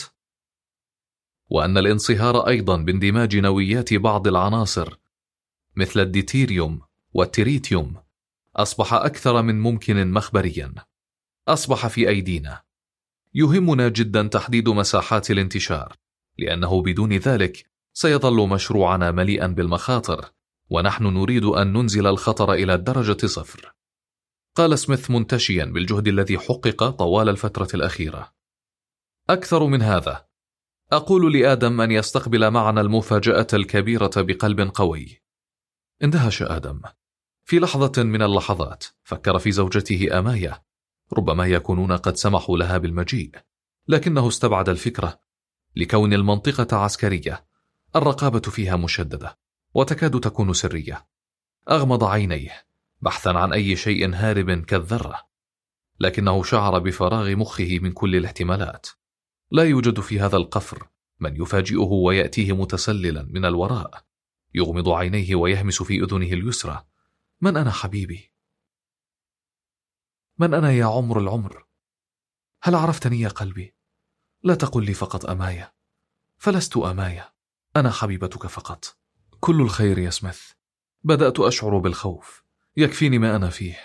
وأن الانصهار أيضا باندماج نوويات بعض العناصر مثل الديتيريوم والتريتيوم أصبح أكثر من ممكن مخبريا. أصبح في أيدينا. يهمنا جدا تحديد مساحات الانتشار، لأنه بدون ذلك سيظل مشروعنا مليئا بالمخاطر، ونحن نريد أن ننزل الخطر إلى الدرجة صفر، قال سميث منتشيا بالجهد الذي حقق طوال الفترة الأخيرة. أكثر من هذا، أقول لآدم أن يستقبل معنا المفاجأة الكبيرة بقلب قوي. اندهش آدم. في لحظة من اللحظات فكر في زوجته أمايا، ربما يكونون قد سمحوا لها بالمجيء، لكنه استبعد الفكرة لكون المنطقة عسكرية، الرقابة فيها مشددة وتكاد تكون سرية. أغمض عينيه بحثا عن أي شيء هارب كالذرة، لكنه شعر بفراغ مخه من كل الاحتمالات. لا يوجد في هذا القفر من يفاجئه ويأتيه متسللا من الوراء، يغمض عينيه ويهمس في أذنه اليسرى: من أنا حبيبي؟ من أنا يا عمر العمر؟ هل عرفتني يا قلبي؟ لا تقل لي فقط أمايا، فلست أمايا، أنا حبيبتك فقط. كل الخير يا سميث. بدأت أشعر بالخوف، يكفيني ما أنا فيه.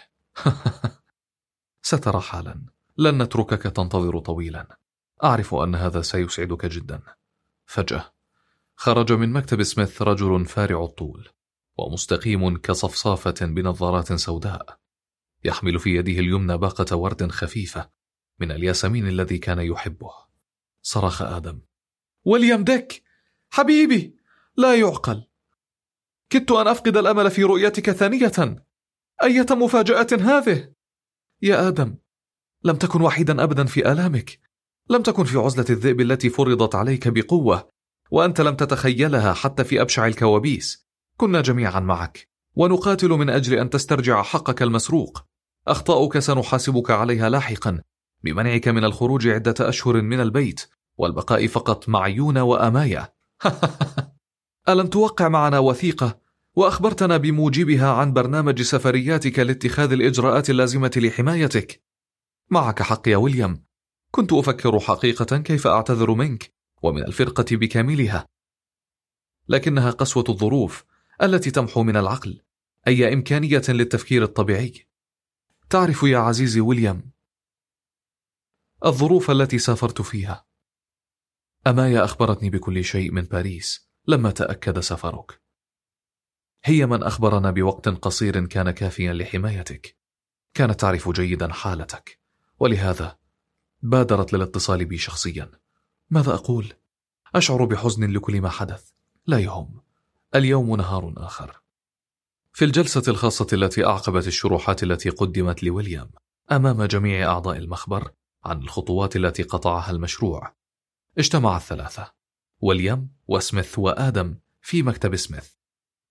سترى حالا، لن نتركك تنتظر طويلا. أعرف أن هذا سيسعدك جدا. فجأة خرج من مكتب سميث رجل فارع الطول ومستقيم كصفصافة بنظارات سوداء، يحمل في يده اليمنى باقة ورد خفيفة من الياسمين الذي كان يحبه. صرخ آدم: ويليام ديك حبيبي، لا يعقل، كدت أن أفقد الأمل في رؤيتك ثانية. أية مفاجأة هذه يا آدم؟ لم تكن وحيدا أبدا في آلامك، لم تكن في عزلة الذئب التي فرضت عليك بقوة، وأنت لم تتخيلها حتى في أبشع الكوابيس. كنا جميعا معك ونقاتل من أجل أن تسترجع حقك المسروق. أخطاؤك سنحاسبك عليها لاحقا، بمنعك من الخروج عدة أشهر من البيت والبقاء فقط مع يونا وأمايا. ألم توقع معنا وثيقة وأخبرتنا بموجبها عن برنامج سفرياتك لاتخاذ الإجراءات اللازمة لحمايتك؟ معك حق يا ويليام، كنت أفكر حقيقة كيف أعتذر منك ومن الفرقة بكاملها، لكنها قسوة الظروف التي تمحو من العقل أي إمكانية للتفكير الطبيعي. تعرف يا عزيزي ويليام الظروف التي سافرت فيها. أمايا أخبرتني بكل شيء من باريس لما تأكد سفرك. هي من أخبرنا بوقت قصير كان كافيا لحمايتك. كانت تعرف جيدا حالتك، ولهذا بادرت للاتصال بي شخصيا. ماذا أقول؟ أشعر بحزن لكل ما حدث. لا يهم، اليوم نهار آخر. في الجلسة الخاصة التي أعقبت الشروحات التي قدمت لويليام أمام جميع أعضاء المخبر عن الخطوات التي قطعها المشروع، اجتمع الثلاثة، ويليام وسميث وآدم، في مكتب سميث.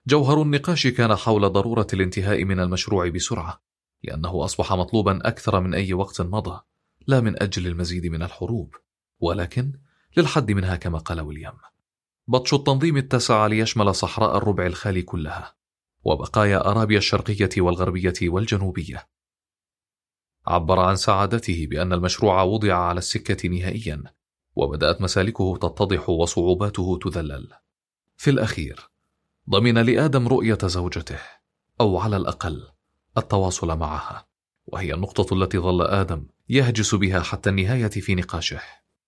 جوهر النقاش كان حول ضرورة الانتهاء من المشروع بسرعة، لأنه أصبح مطلوبا أكثر من أي وقت مضى، لا من أجل المزيد من الحروب، ولكن للحد منها كما قال ويليام. بطش التنظيم اتسع ليشمل صحراء الربع الخالي كلها، وبقايا أرابيا الشرقية والغربية والجنوبية. عبر عن سعادته بأن المشروع وضع على السكة نهائيا، وبدأت مسالكه تتضح وصعوباته تذلل. في الأخير ضمن لآدم رؤية زوجته، أو على الأقل التواصل معها، وهي النقطة التي ظل آدم يهجس بها حتى النهاية في نقاشه.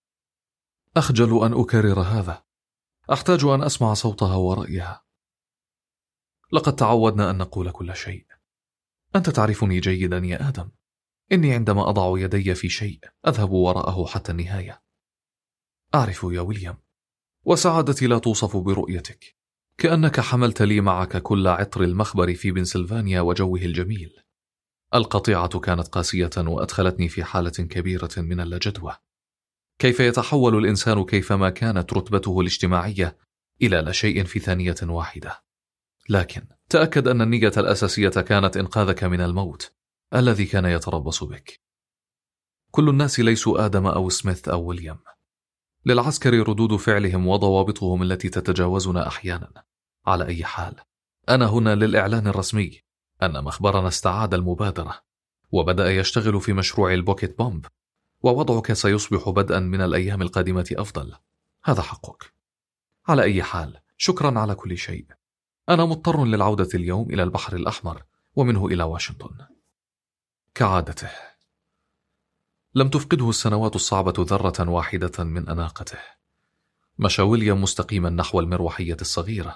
أخجل أن أكرر هذا، أحتاج أن أسمع صوتها ورأيها. لقد تعودنا أن نقول كل شيء. أنت تعرفني جيدا يا آدم، إني عندما أضع يدي في شيء أذهب وراءه حتى النهاية. أعرف يا ويليام، وسعادتي لا توصف برؤيتك، كأنك حملت لي معك كل عطر المخبر في بنسلفانيا وجوه الجميل. القطيعة كانت قاسية وأدخلتني في حالة كبيرة من اللجدوى. كيف يتحول الإنسان كيفما كانت رتبته الاجتماعية إلى لا شيء في ثانية واحدة؟ لكن تأكد أن النية الأساسية كانت إنقاذك من الموت الذي كان يتربص بك. كل الناس ليسوا آدم أو سميث أو ويليام. للعسكر ردود فعلهم وضوابطهم التي تتجاوزنا أحيانا. على أي حال، أنا هنا للإعلان الرسمي أن مخبرنا استعاد المبادرة، وبدأ يشتغل في مشروع البوكيت بومب، ووضعك سيصبح بدءا من الأيام القادمة أفضل. هذا حقك. على أي حال، شكرا على كل شيء. أنا مضطر للعودة اليوم إلى البحر الأحمر ومنه إلى واشنطن. كعادته لم تفقده السنوات الصعبة ذرة واحدة من أناقته. مشى ويليام مستقيما نحو المروحية الصغيرة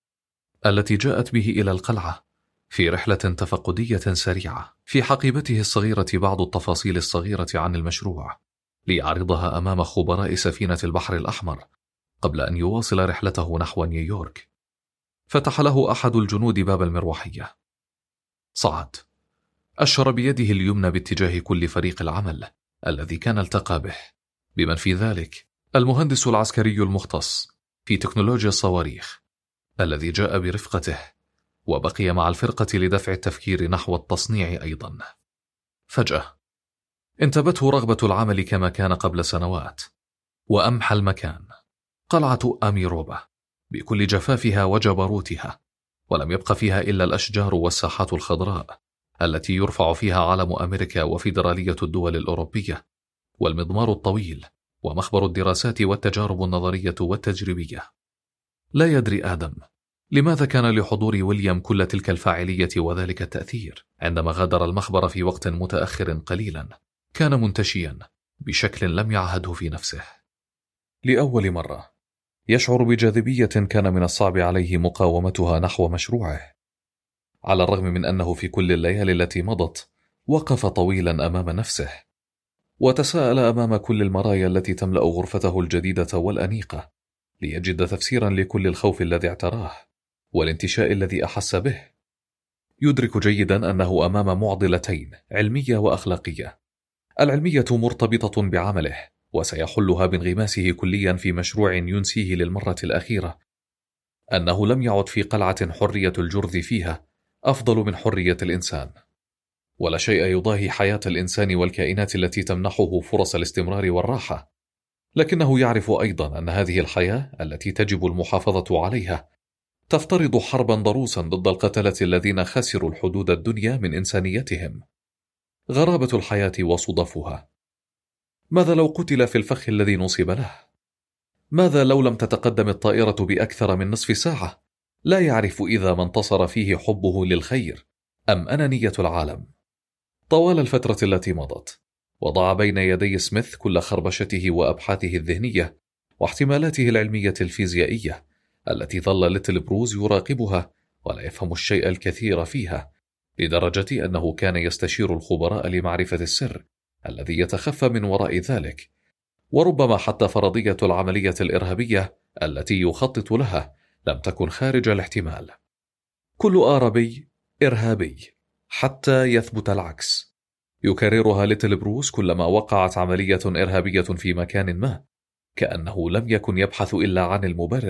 التي جاءت به إلى القلعة في رحلة تفقدية سريعة. في حقيبته الصغيرة بعض التفاصيل الصغيرة عن المشروع ليعرضها أمام خبراء سفينة البحر الأحمر قبل أن يواصل رحلته نحو نيويورك. فتح له أحد الجنود باب المروحية. صعد، أشار بيده اليمنى باتجاه كل فريق العمل الذي كان التقى به، بمن في ذلك المهندس العسكري المختص في تكنولوجيا الصواريخ الذي جاء برفقته وبقي مع الفرقة لدفع التفكير نحو التصنيع أيضا. فجأة انتابته رغبة العمل كما كان قبل سنوات، وأمحى المكان قلعة أميروبا بكل جفافها وجبروتها، ولم يبق فيها إلا الأشجار والساحات الخضراء التي يرفع فيها علم أمريكا وفيدرالية الدول الأوروبية، والمضمار الطويل ومخبر الدراسات والتجارب النظرية والتجريبية. لا يدري آدم لماذا كان لحضور ويليام كل تلك الفاعلية وذلك التأثير. عندما غادر المخبر في وقت متأخر قليلا كان منتشيا بشكل لم يعهده في نفسه. لأول مرة يشعر بجاذبية كان من الصعب عليه مقاومتها نحو مشروعه. على الرغم من أنه في كل الليالي التي مضت وقف طويلا أمام نفسه وتساءل أمام كل المرايا التي تملأ غرفته الجديدة والأنيقة ليجد تفسيرا لكل الخوف الذي اعتراه والانتشاء الذي أحس به. يدرك جيدا أنه أمام معضلتين، علمية وأخلاقية. العلمية مرتبطة بعمله وسيحلها بانغماسه كليا في مشروع ينسيه للمرة الأخيرة أنه لم يعد في قلعة حرية الجرذ فيها أفضل من حرية الإنسان، ولا شيء يضاهي حياة الإنسان والكائنات التي تمنحه فرص الاستمرار والراحة. لكنه يعرف أيضا أن هذه الحياة التي تجب المحافظة عليها تفترض حربا ضروسا ضد القتلة الذين خسروا الحدود الدنيا من إنسانيتهم. غرابة الحياة وصدفها. ماذا لو قتل في الفخ الذي نصب له؟ ماذا لو لم تتقدم الطائرة بأكثر من نصف ساعة؟ لا يعرف إذا ما انتصر فيه حبه للخير أم أنانية العالم. طوال الفترة التي مضت وضع بين يدي سميث كل خربشته وأبحاثه الذهنية واحتمالاته العلمية الفيزيائية التي ظل ليتل بروز يراقبها ولا يفهم الشيء الكثير فيها، لدرجة أنه كان يستشير الخبراء لمعرفة السر الذي يتخفى من وراء ذلك، وربما حتى فرضية العملية الإرهابية التي يخطط لها لم تكن خارج الاحتمال. كل آربي إرهابي حتى يثبت العكس. يكررها ليتل بروس كلما وقعت عملية إرهابية في مكان ما، كأنه لم يكن يبحث إلا عن المبرر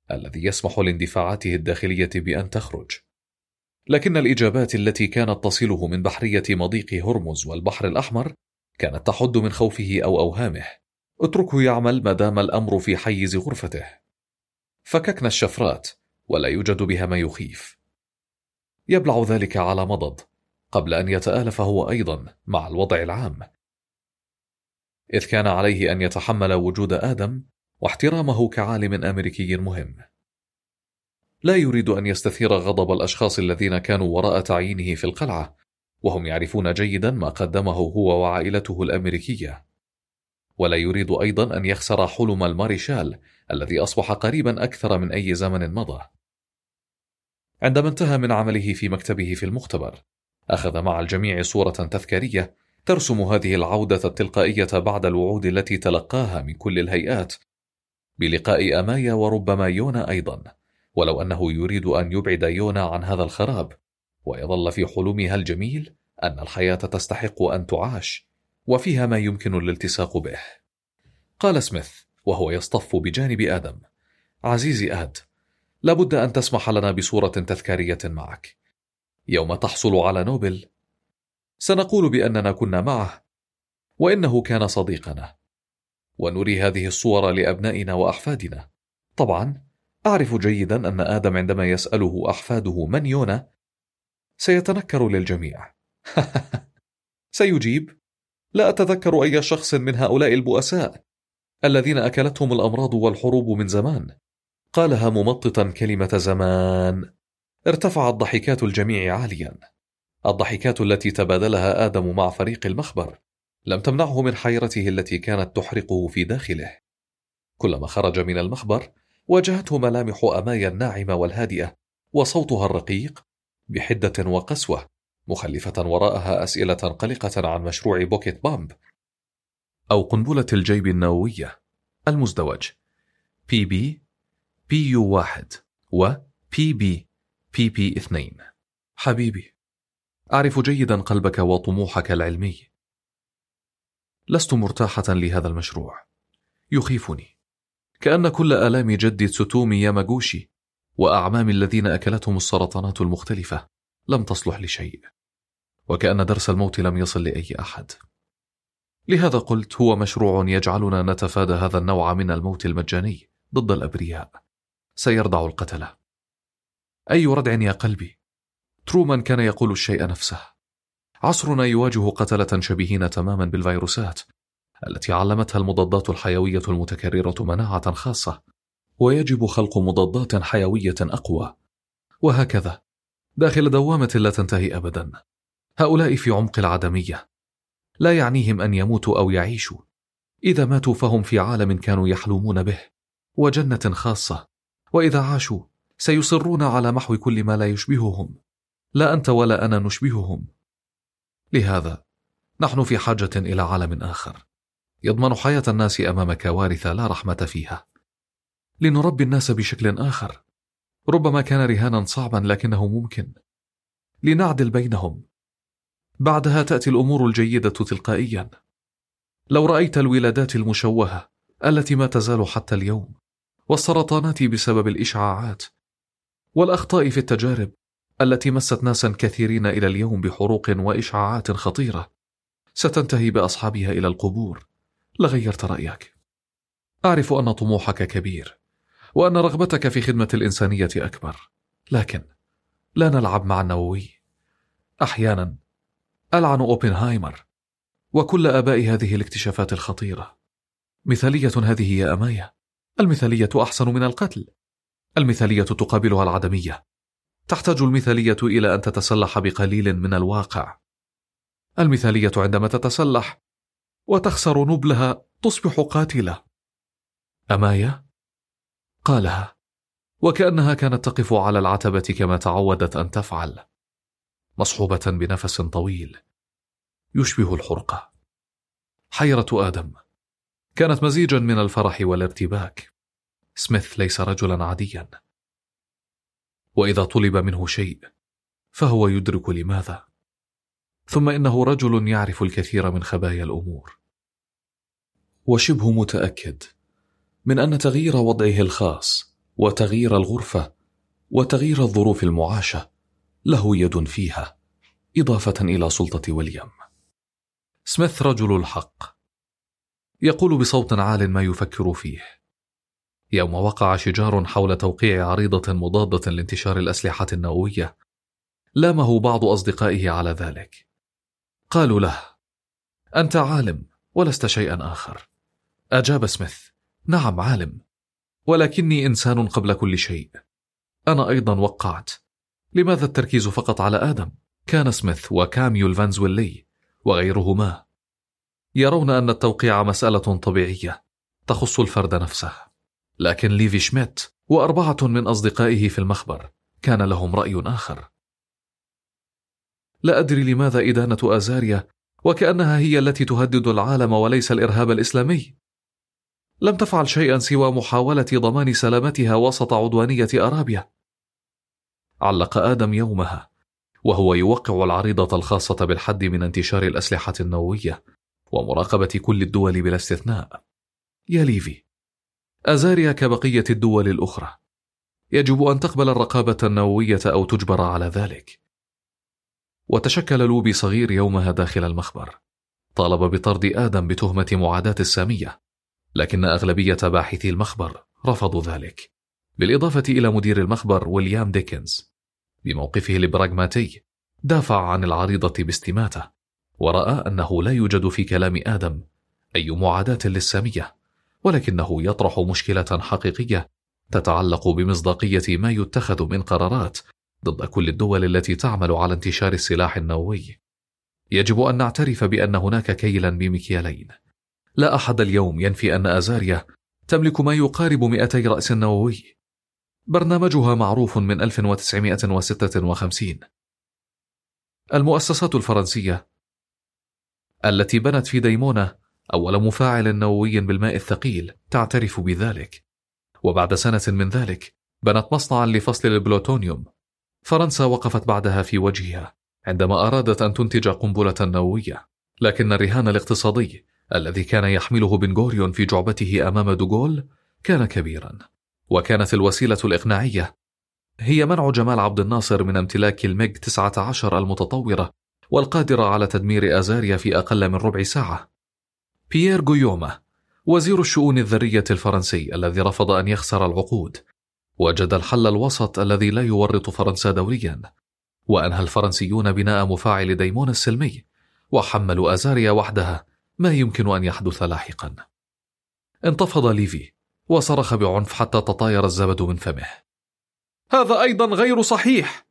الذي يسمح لاندفاعاته الداخلية بأن تخرج. لكن الإجابات التي كانت تصله من بحرية مضيق هرمز والبحر الأحمر كانت تحد من خوفه أو أوهامه. اتركه يعمل ما دام الأمر في حيز غرفته. فككنا الشفرات ولا يوجد بها ما يخيف. يبلع ذلك على مضض قبل أن يتآلف هو أيضا مع الوضع العام، إذ كان عليه أن يتحمل وجود آدم واحترامه كعالم أمريكي مهم. لا يريد أن يستثير غضب الأشخاص الذين كانوا وراء تعيينه في القلعة، وهم يعرفون جيدا ما قدمه هو وعائلته الأمريكية. ولا يريد أيضا أن يخسر حلم الماريشال الذي أصبح قريبا أكثر من أي زمن مضى. عندما انتهى من عمله في مكتبه في المختبر، أخذ مع الجميع صورة تذكارية ترسم هذه العودة التلقائية بعد الوعود التي تلقاها من كل الهيئات بلقاء أمايا وربما يونا أيضا، ولو أنه يريد أن يبعد يونا عن هذا الخراب ويظل في حلمها الجميل أن الحياة تستحق أن تعاش وفيها ما يمكن الالتصاق به. قال سميث وهو يصطف بجانب آدم: عزيزي آد، لابد أن تسمح لنا بصورة تذكارية معك. يوم تحصل على نوبل سنقول بأننا كنا معه وإنه كان صديقنا، ونري هذه الصور لأبنائنا وأحفادنا. طبعا أعرف جيدا أن آدم عندما يسأله أحفاده من يونا سيتنكر للجميع. سيجيب: لا أتذكر أي شخص من هؤلاء البؤساء الذين أكلتهم الأمراض والحروب من زمان. قالها ممططا كلمة زمان. ارتفعت ضحكات الجميع عاليا. الضحكات التي تبادلها آدم مع فريق المخبر لم تمنعه من حيرته التي كانت تحرقه في داخله. كلما خرج من المخبر واجهته ملامح أمايا الناعمة والهادئة وصوتها الرقيق بحدة وقسوة، مخلفة وراءها أسئلة قلقة عن مشروع بوكيت بامب أو قنبلة الجيب النووية المزدوج بي بي بي يو واحد و بي بي بي بي اثنين. حبيبي، أعرف جيدا قلبك وطموحك العلمي. لست مرتاحة لهذا المشروع، يخيفني، كأن كل آلام جدي تسوتومي ياماغوشي وأعمام الذين أكلتهم السرطانات المختلفة لم تصلح لشيء، وكأن درس الموت لم يصل لأي أحد. لهذا قلت هو مشروع يجعلنا نتفادى هذا النوع من الموت المجاني ضد الأبرياء، سيردع القتلة. أي ردع يا قلبي، ترومان كان يقول الشيء نفسه. عصرنا يواجه قتلة شبيهين تماما بالفيروسات التي علمتها المضادات الحيوية المتكررة مناعة خاصة، ويجب خلق مضادات حيوية أقوى، وهكذا داخل دوامة لا تنتهي أبدا. هؤلاء في عمق العدمية، لا يعنيهم أن يموتوا أو يعيشوا. إذا ماتوا فهم في عالم كانوا يحلمون به وجنة خاصة، وإذا عاشوا سيصرون على محو كل ما لا يشبههم. لا أنت ولا أنا نشبههم. لهذا نحن في حاجة إلى عالم آخر يضمن حياة الناس أمام كوارث لا رحمة فيها، لنربي الناس بشكل آخر ربما كان رهانا صعبا لكنه ممكن، لنعدل بينهم. بعدها تأتي الأمور الجيدة تلقائيا. لو رأيت الولادات المشوهة التي ما تزال حتى اليوم، والسرطانات بسبب الإشعاعات، والأخطاء في التجارب التي مست ناسا كثيرين إلى اليوم بحروق وإشعاعات خطيرة ستنتهي بأصحابها إلى القبور، لغيرت رأيك. أعرف أن طموحك كبير وأن رغبتك في خدمة الإنسانية أكبر، لكن لا نلعب مع النووي. أحيانا ألعن أوبنهايمر وكل آباء هذه الاكتشافات الخطيرة. مثالية هذه يا أمايا، المثالية أحسن من القتل. المثالية تقابلها العدمية. تحتاج المثالية إلى أن تتسلح بقليل من الواقع. المثالية عندما تتسلح وتخسر نبلها تصبح قاتلة. أمايا قالها وكأنها كانت تقف على العتبة كما تعودت أن تفعل، مصحوبة بنفس طويل يشبه الحرقة. حيرة آدم كانت مزيجا من الفرح والارتباك. سميث ليس رجلا عاديا، وإذا طلب منه شيء فهو يدرك لماذا. ثم إنه رجل يعرف الكثير من خبايا الأمور، وشبه متأكد من أن تغيير وضعه الخاص وتغيير الغرفة وتغيير الظروف المعاشة له يد فيها، إضافة إلى سلطة ويليام. سميث رجل الحق، يقول بصوت عال ما يفكر فيه. يوم وقع شجار حول توقيع عريضة مضادة لانتشار الأسلحة النووية، لامه بعض أصدقائه على ذلك. قالوا له: أنت عالم ولست شيئا آخر. أجاب سميث: نعم عالم، ولكني إنسان قبل كل شيء. أنا أيضا وقعت. لماذا التركيز فقط على آدم؟ كان سميث وكاميول فانزويلي وغيرهما يرون أن التوقيع مسألة طبيعية تخص الفرد نفسه، لكن ليفي شميت وأربعة من أصدقائه في المخبر كان لهم رأي آخر. لا أدري لماذا إدانة آزاريا وكأنها هي التي تهدد العالم وليس الإرهاب الإسلامي. لم تفعل شيئا سوى محاولة ضمان سلامتها وسط عدوانية أرابيا. علق آدم يومها وهو يوقع العريضة الخاصة بالحد من انتشار الأسلحة النووية ومراقبة كل الدول بلا استثناء. يا ليفي، آزاريا كبقية الدول الأخرى يجب أن تقبل الرقابة النووية أو تجبر على ذلك. وتشكل لوبي صغير يومها داخل المخبر، طالب بطرد آدم بتهمة معاداة السامية، لكن أغلبية باحثي المخبر رفضوا ذلك، بالإضافة إلى مدير المخبر ويليام ديكنز. بموقفه البراغماتي دافع عن العريضة باستماتة، ورأى أنه لا يوجد في كلام آدم أي معاداة للسامية، ولكنه يطرح مشكلة حقيقية تتعلق بمصداقية ما يتخذ من قرارات ضد كل الدول التي تعمل على انتشار السلاح النووي. يجب أن نعترف بأن هناك كيلا بمكيالين. لا أحد اليوم ينفي أن آزاريا تملك ما يقارب مئتي رأس نووي. برنامجها معروف من ألف وتسعمائة وستة وخمسين. المؤسسات الفرنسية التي بنت في ديمونة أول مفاعل نووي بالماء الثقيل تعترف بذلك، وبعد سنة من ذلك بنت مصنعا لفصل البلوتونيوم. فرنسا وقفت بعدها في وجهها عندما أرادت أن تنتج قنبلة نووية، لكن الرهان الاقتصادي الذي كان يحمله بن غوريون في جعبته أمام دوغول كان كبيرا، وكانت الوسيلة الإقناعية هي منع جمال عبد الناصر من امتلاك الميج تسعة عشر المتطورة والقادرة على تدمير آزاريا في أقل من ربع ساعة. بيير غويوما وزير الشؤون الذرية الفرنسي الذي رفض أن يخسر العقود وجد الحل الوسط الذي لا يورط فرنسا دوريا، وأنهى الفرنسيون بناء مفاعل ديمون السلمي وحملوا آزاريا وحدها ما يمكن أن يحدث لاحقا. انتفض ليفي وصرخ بعنف حتى تطاير الزبد من فمه: هذا أيضا غير صحيح،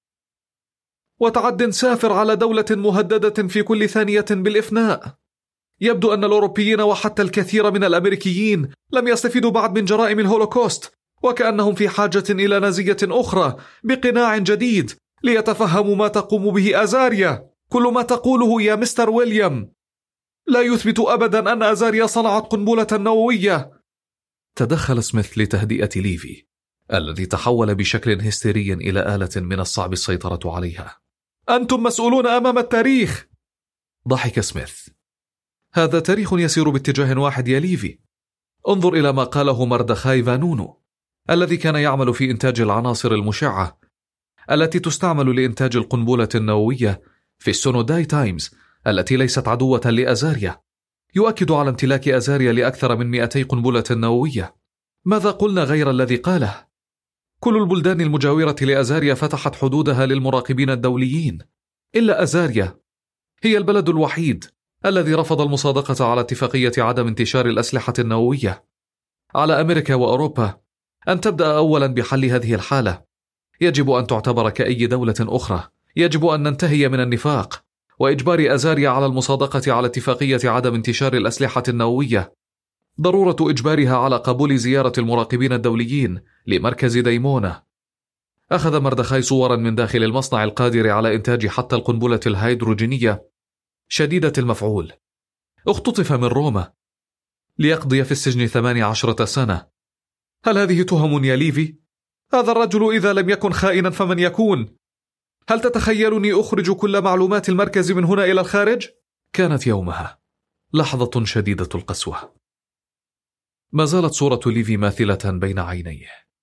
وتعد سافر على دولة مهددة في كل ثانية بالإفناء. يبدو أن الأوروبيين وحتى الكثير من الأمريكيين لم يستفيدوا بعد من جرائم الهولوكوست، وكأنهم في حاجة إلى نزية أخرى بقناع جديد ليتفهموا ما تقوم به آزاريا. كل ما تقوله يا مستر ويليام لا يثبت أبدا أن آزاريا صنعت قنبلة نووية. تدخل سميث لتهدئة ليفي الذي تحول بشكل هستيري إلى آلة من الصعب السيطرة عليها. أنتم مسؤولون أمام التاريخ. ضحك سميث: هذا تاريخ يسير باتجاه واحد يا ليفي. انظر إلى ما قاله مردخاي فانونو الذي كان يعمل في إنتاج العناصر المشعة التي تستعمل لإنتاج القنبلة النووية في السونوداي تايمز التي ليست عدوة لأزاريا، يؤكد على امتلاك أزاريا لأكثر من مئتي قنبلة نووية. ماذا قلنا غير الذي قاله؟ كل البلدان المجاورة لأزاريا فتحت حدودها للمراقبين الدوليين، إلا أزاريا هي البلد الوحيد الذي رفض المصادقة على اتفاقية عدم انتشار الأسلحة النووية. على أمريكا وأوروبا أن تبدأ أولا بحل هذه الحالة. يجب أن تعتبر كأي دولة أخرى. يجب أن ننتهي من النفاق وإجبار أزاريا على المصادقة على اتفاقية عدم انتشار الأسلحة النووية. ضرورة إجبارها على قبول زيارة المراقبين الدوليين لمركز ديمونة. أخذ مردخاي صورا من داخل المصنع القادر على إنتاج حتى القنبلة الهيدروجينية شديدة المفعول. اختطف من روما ليقضي في السجن ثمانية عشرة سنة. هل هذه تهم يا ليفي؟ هذا الرجل إذا لم يكن خائنا فمن يكون؟ هل تتخيلني أخرج كل معلومات المركز من هنا إلى الخارج؟ كانت يومها لحظة شديدة القسوة. ما زالت صورة ليفي ماثلة بين عينيه.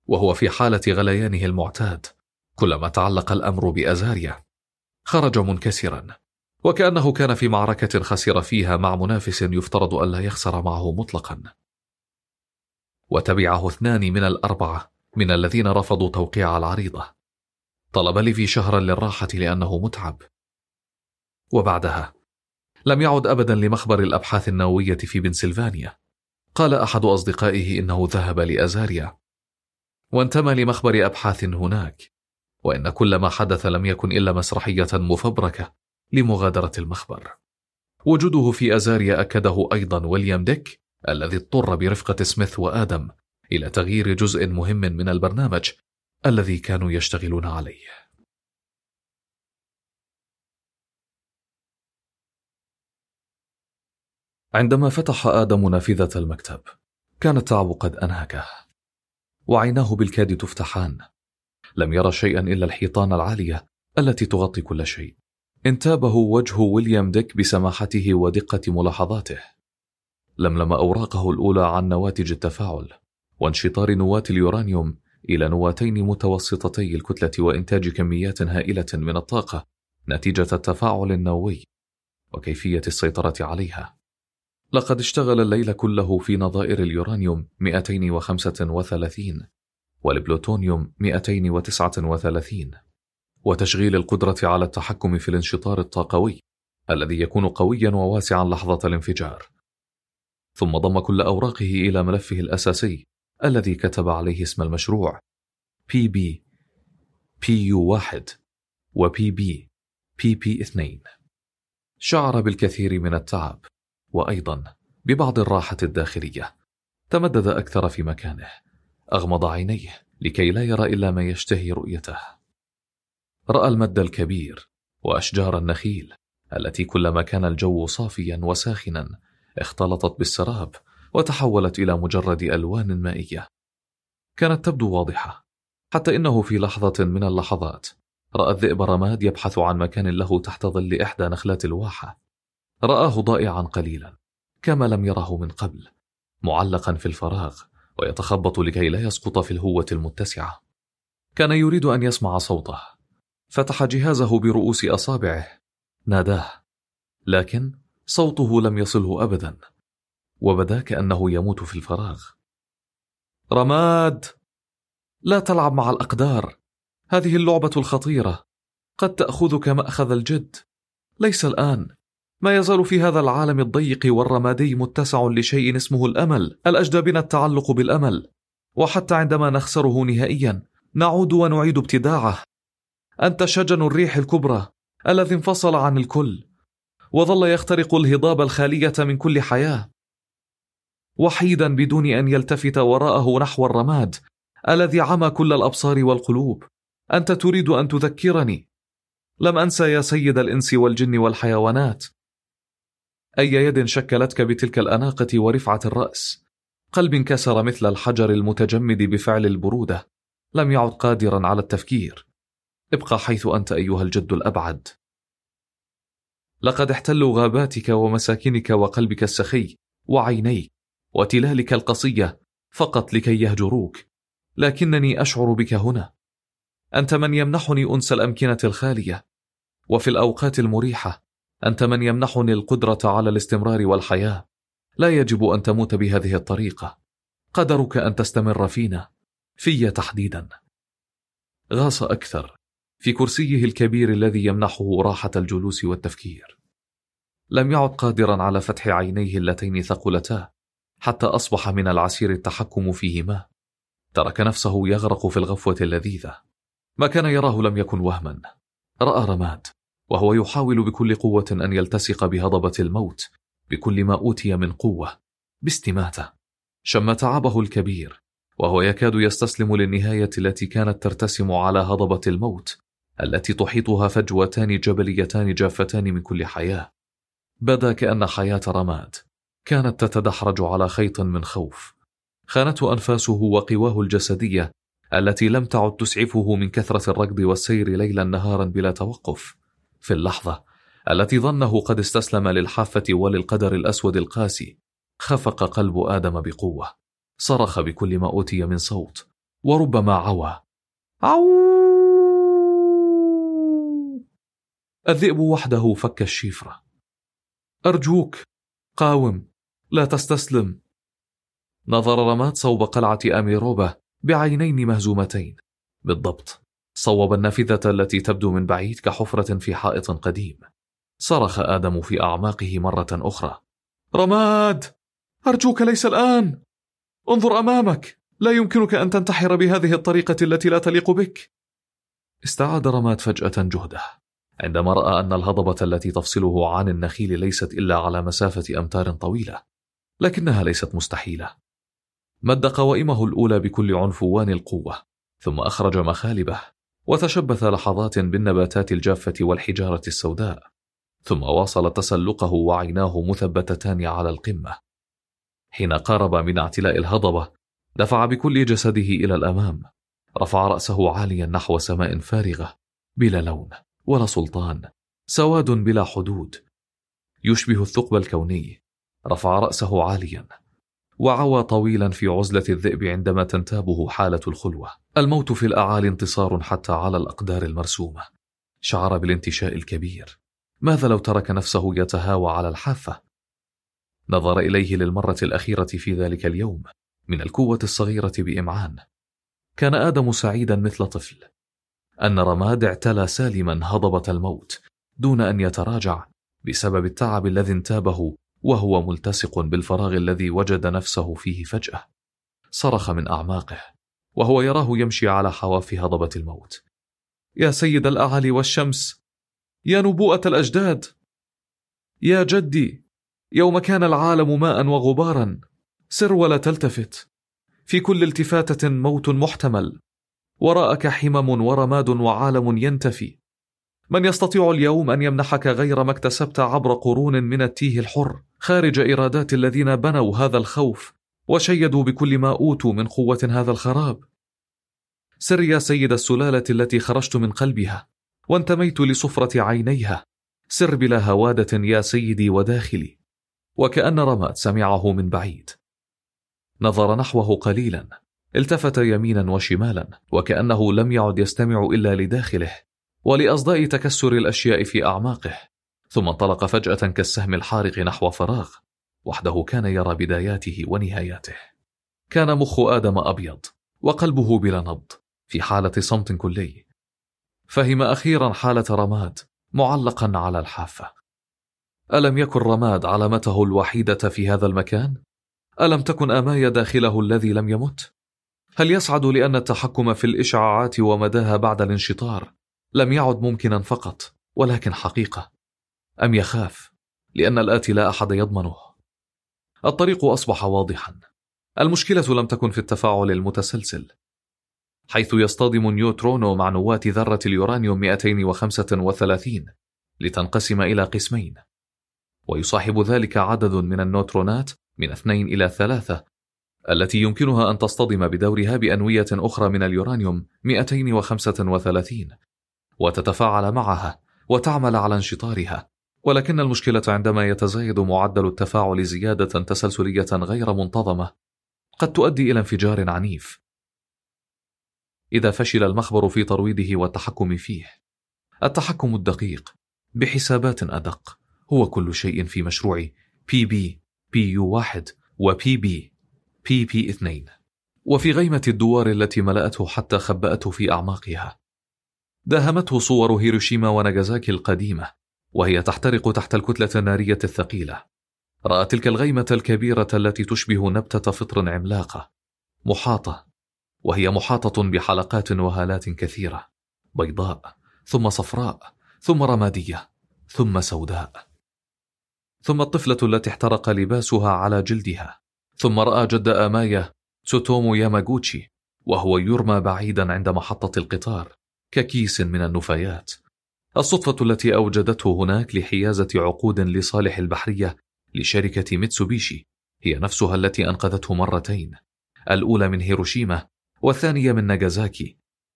وهو في حالة غليانه المعتاد كلما تعلق الأمر بأزاريا. خرج منكسرا، وكأنه كان في معركة خسر فيها مع منافس يفترض ألا يخسر معه مطلقا. وتبعه اثنان من الأربعة من الذين رفضوا توقيع العريضة. طلب ليفي شهرا للراحة لأنه متعب. وبعدها لم يعد أبدا لمخبر الأبحاث النووية في بنسلفانيا. قال أحد أصدقائه إنه ذهب لأزاريا وانتمى لمخبر أبحاث هناك، وإن كل ما حدث لم يكن إلا مسرحية مفبركة لمغادرة المخبر. وجوده في أزاريا أكده أيضا ويليام ديك الذي اضطر برفقة سميث وآدم إلى تغيير جزء مهم من البرنامج الذي كانوا يشتغلون عليه. عندما فتح آدم نافذة المكتب كان التعب قد أنهكه، وعيناه بالكاد تفتحان. لم يرى شيئا إلا الحيطان العالية التي تغطي كل شيء. انتابه وجه ويليام ديك بسماحته ودقة ملاحظاته. لملم أوراقه الأولى عن نواتج التفاعل وانشطار نواة اليورانيوم إلى نواتين متوسطتي الكتلة وإنتاج كميات هائلة من الطاقة نتيجة التفاعل النووي وكيفية السيطرة عليها. لقد اشتغل الليل كله في نظائر اليورانيوم مئتين وخمسة وثلاثين والبلوتونيوم مئتين وتسعة وثلاثين، وتشغيل القدرة على التحكم في الانشطار الطاقوي الذي يكون قويا وواسعا لحظة الانفجار. ثم ضم كل أوراقه إلى ملفه الأساسي الذي كتب عليه اسم المشروع بي بي بي يو واحد و بي بي بي بي اثنين. شعر بالكثير من التعب وأيضا ببعض الراحة الداخلية. تمدد أكثر في مكانه، أغمض عينيه لكي لا يرى إلا ما يشتهي رؤيته. رأى المد الكبير وأشجار النخيل التي كلما كان الجو صافيا وساخنا اختلطت بالسراب وتحولت إلى مجرد ألوان مائية. كانت تبدو واضحة، حتى إنه في لحظة من اللحظات رأى الذئب رماد يبحث عن مكان له تحت ظل إحدى نخلات الواحة. رآه ضائعا قليلا كما لم يره من قبل، معلقا في الفراغ ويتخبط لكي لا يسقط في الهوة المتسعة. كان يريد أن يسمع صوته. فتح جهازه برؤوس أصابعه، ناداه، لكن صوته لم يصله أبدا، وبدا كأنه يموت في الفراغ. رماد، لا تلعب مع الأقدار. هذه اللعبة الخطيرة قد تأخذك مأخذ الجد. ليس الآن. ما يزال في هذا العالم الضيق والرمادي متسع لشيء اسمه الأمل. الأجدى بنا التعلق بالأمل، وحتى عندما نخسره نهائيا نعود ونعيد ابتداعه. أنت شجن الريح الكبرى الذي انفصل عن الكل وظل يخترق الهضاب الخالية من كل حياة، وحيدا بدون أن يلتفت وراءه نحو الرماد الذي عمى كل الأبصار والقلوب. أنت تريد أن تذكرني. لم أنسى يا سيد الإنس والجن والحيوانات. أي يد شكلتك بتلك الأناقة ورفعة الرأس، قلب انكسر مثل الحجر المتجمد بفعل البرودة، لم يعد قادرا على التفكير. ابقى حيث أنت أيها الجد الأبعد. لقد احتلوا غاباتك ومساكنك وقلبك السخي وعينيك وتلالك القصية فقط لكي يهجروك، لكنني أشعر بك هنا. أنت من يمنحني أنس الأمكنة الخالية، وفي الأوقات المريحة أنت من يمنحني القدرة على الاستمرار والحياة. لا يجب أن تموت بهذه الطريقة. قدرك أن تستمر فينا، في تحديدا. غاص أكثر في كرسيه الكبير الذي يمنحه راحة الجلوس والتفكير. لم يعد قادرا على فتح عينيه اللتين ثقلتا، حتى أصبح من العسير التحكم فيهما. ترك نفسه يغرق في الغفوة اللذيذة. ما كان يراه لم يكن وهما. رأى رماد وهو يحاول بكل قوة أن يلتصق بهضبة الموت بكل ما أوتي من قوة باستماتة. شم تعبه الكبير وهو يكاد يستسلم للنهاية التي كانت ترتسم على هضبة الموت التي تحيطها فجوتان جبليتان جافتان من كل حياة. بدا كأن حياة رماد كانت تتدحرج على خيط من خوف. خانته أنفاسه وقواه الجسدية التي لم تعد تسعفه من كثرة الركض والسير ليلا نهارا بلا توقف. في اللحظة التي ظنه قد استسلم للحافة وللقدر الأسود القاسي، خفق قلب آدم بقوة. صرخ بكل ما أوتي من صوت وربما عوى. عو! الذئب وحده فك الشفرة. أرجوك قاوم، لا تستسلم. نظر رماد صوب قلعة أميروبا بعينين مهزومتين. بالضبط، صوب النافذة التي تبدو من بعيد كحفرة في حائط قديم. صرخ آدم في أعماقه مرة أخرى: رماد، أرجوك ليس الآن. انظر أمامك، لا يمكنك أن تنتحر بهذه الطريقة التي لا تليق بك. استعاد رماد فجأة جهده عندما رأى أن الهضبة التي تفصله عن النخيل ليست إلا على مسافة أمتار طويلة، لكنها ليست مستحيلة. مد قوائمه الأولى بكل عنفوان القوة، ثم أخرج مخالبه وتشبث لحظات بالنباتات الجافة والحجارة السوداء، ثم واصل تسلقه وعيناه مثبتتان على القمة. حين قارب من اعتلاء الهضبة دفع بكل جسده إلى الأمام، رفع رأسه عاليا نحو سماء فارغة بلا لون ولا سلطان، سواد بلا حدود يشبه الثقب الكوني. رفع رأسه عاليا وعوى طويلا في عزلة الذئب عندما تنتابه حالة الخلوة. الموت في الأعالي انتصار حتى على الأقدار المرسومة. شعر بالانتشاء الكبير. ماذا لو ترك نفسه يتهاوى على الحافة؟ نظر إليه للمرة الأخيرة في ذلك اليوم من الكوة الصغيرة بإمعان. كان آدم سعيدا مثل طفل أن رماد اعتلى سالما هضبة الموت دون أن يتراجع بسبب التعب الذي انتابه وهو ملتصق بالفراغ الذي وجد نفسه فيه فجأة. صرخ من أعماقه وهو يراه يمشي على حواف هضبة الموت: يا سيد الأعالي والشمس، يا نبوءة الأجداد، يا جدي، يوم كان العالم ماء وغبارا، سر ولا تلتفت. في كل التفاتة موت محتمل، وراءك حمم ورماد وعالم ينتفي. من يستطيع اليوم أن يمنحك غير ما اكتسبت عبر قرون من التيه الحر خارج إرادات الذين بنوا هذا الخوف وشيدوا بكل ما أوتوا من قوة هذا الخراب؟ سر يا سيد السلالة التي خرجت من قلبها وانتميت لصفرة عينيها، سر بلا هوادة يا سيدي وداخلي. وكأن رماد سمعه من بعيد. نظر نحوه قليلا، التفت يمينا وشمالا، وكأنه لم يعد يستمع إلا لداخله ولأصداء تكسر الأشياء في أعماقه، ثم انطلق فجأة كالسهم الحارق نحو فراغ. وحده كان يرى بداياته ونهاياته. كان مخ آدم أبيض وقلبه بلا نبض، في حالة صمت كلي. فهم أخيرا حالة رماد معلقا على الحافة. ألم يكن رماد علامته الوحيدة في هذا المكان؟ ألم تكن أمايا داخله الذي لم يمت؟ هل يسعد لأن التحكم في الإشعاعات ومداها بعد الانشطار لم يعد ممكنا فقط ولكن حقيقة؟ أم يخاف لأن الآتي لا أحد يضمنه؟ الطريق أصبح واضحا. المشكلة لم تكن في التفاعل المتسلسل، حيث يصطدم نيوترونو مع نواة ذرة اليورانيوم مئتين وخمسة وثلاثين لتنقسم إلى قسمين، ويصاحب ذلك عدد من النوترونات من اثنين إلى ثلاثة التي يمكنها أن تصطدم بدورها بأنوية أخرى من اليورانيوم مئتين وخمسة وثلاثين وتتفاعل معها وتعمل على انشطارها. ولكن المشكلة عندما يتزايد معدل التفاعل زيادة تسلسلية غير منتظمة قد تؤدي إلى انفجار عنيف إذا فشل المخبر في ترويضه والتحكم فيه. التحكم الدقيق بحسابات أدق هو كل شيء في مشروع بي بي بي يو واحد و بي بي بي بي اثنين، وفي غيمة الدوار التي ملأته حتى خبأته في أعماقها. داهمته صور هيروشيما وناغازاكي القديمة وهي تحترق تحت الكتلة النارية الثقيلة. رأى تلك الغيمة الكبيرة التي تشبه نبتة فطر عملاقة محاطة، وهي محاطة بحلقات وهالات كثيرة، بيضاء ثم صفراء ثم رمادية ثم سوداء، ثم الطفلة التي احترق لباسها على جلدها. ثم رأى جد آمايا تسوتومو ياماغوتشي وهو يرمى بعيدا عند محطة القطار ككيس من النفايات. الصدفة التي أوجدته هناك لحيازة عقود لصالح البحرية لشركة ميتسوبيشي هي نفسها التي أنقذته مرتين، الأولى من هيروشيما والثانية من ناغازاكي،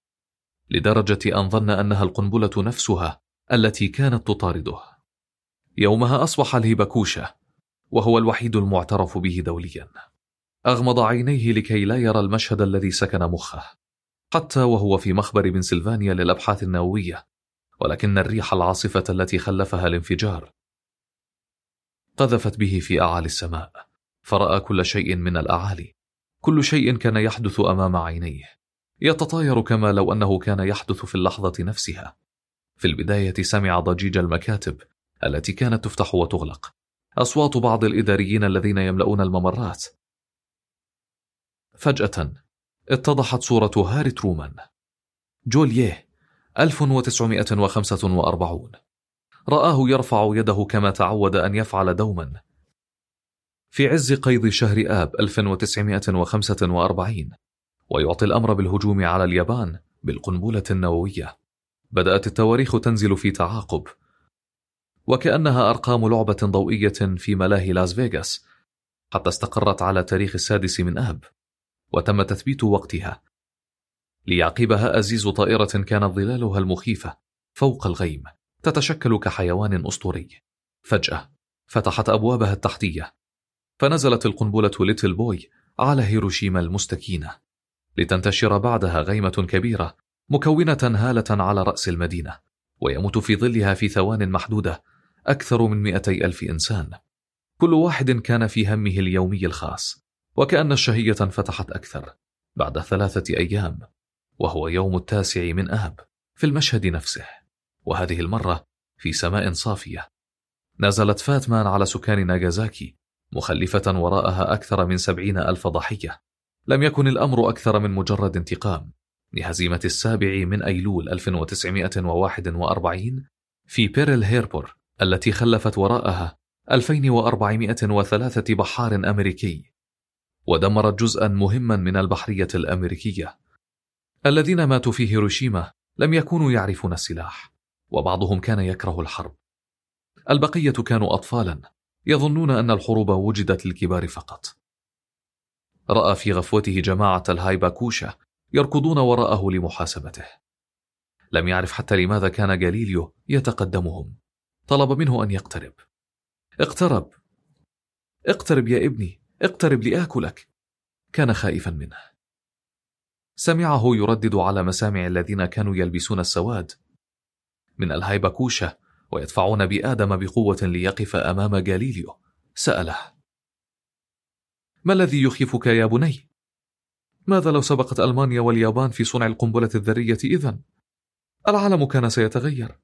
لدرجة أن ظن أنها القنبلة نفسها التي كانت تطارده. يومها أصبح الهيباكوشا، وهو الوحيد المعترف به دوليا. أغمض عينيه لكي لا يرى المشهد الذي سكن مخه، حتى وهو في مخبر بنسلفانيا للأبحاث النووية، ولكن الريح العاصفة التي خلفها الانفجار قذفت به في أعالي السماء، فرأى كل شيء من الأعالي. كل شيء كان يحدث أمام عينيه، يتطاير كما لو أنه كان يحدث في اللحظة نفسها. في البداية سمع ضجيج المكاتب التي كانت تفتح وتغلق، أصوات بعض الإداريين الذين يملؤون الممرات. فجأة اتضحت صورة هاري ترومان. جوليه ألف وتسعمائة وخمسة وأربعين. رآه يرفع يده كما تعود أن يفعل دوما في عز قيض شهر آب ألف وتسعمائة وخمسة وأربعين، ويعطي الأمر بالهجوم على اليابان بالقنبلة النووية. بدأت التواريخ تنزل في تعاقب، وكأنها أرقام لعبة ضوئية في ملاهي لاس فيغاس، حتى استقرت على تاريخ السادس من آب، وتم تثبيت وقتها. ليعقبها أزيز طائرة كانت ظلالها المخيفة فوق الغيم تتشكل كحيوان أسطوري. فجأة فتحت أبوابها التحتية، فنزلت القنبلة ليتل بوي على هيروشيما المستكينة، لتنتشر بعدها غيمة كبيرة مكونة هالة على رأس المدينة، ويموت في ظلها في ثوان محدودة أكثر من مئتي ألف إنسان، كل واحد كان في همه اليومي الخاص. وكأن الشهية فتحت أكثر بعد ثلاثة أيام، وهو يوم التاسع من آب، في المشهد نفسه، وهذه المرة في سماء صافية. نزلت فاتمان على سكان ناغازاكي، مخلفة وراءها أكثر من سبعين ألف ضحية. لم يكن الأمر أكثر من مجرد انتقام لهزيمة السابع من أيلول ألف وتسعمائة وواحد وأربعين في بيرل هيربور، التي خلفت وراءها ألفين وأربعمائة وثلاثة بحار أمريكي، ودمرت جزءا مهما من البحرية الأمريكية. الذين ماتوا في هيروشيما لم يكونوا يعرفون السلاح، وبعضهم كان يكره الحرب. البقية كانوا أطفالا يظنون أن الحروب وجدت للكبار فقط. رأى في غفوته جماعة الهايباكوشا يركضون وراءه لمحاسبته. لم يعرف حتى لماذا كان غاليليو يتقدمهم. طلب منه أن يقترب. اقترب اقترب يا ابني، اقترب لآكلك. كان خائفا منه. سمعه يردد على مسامع الذين كانوا يلبسون السواد من الهايباكوشا ويدفعون بآدم بقوة ليقف أمام غاليليو. سأله: ما الذي يخيفك يا بني؟ ماذا لو سبقت ألمانيا واليابان في صنع القنبلة الذرية إذن؟ العالم كان سيتغير.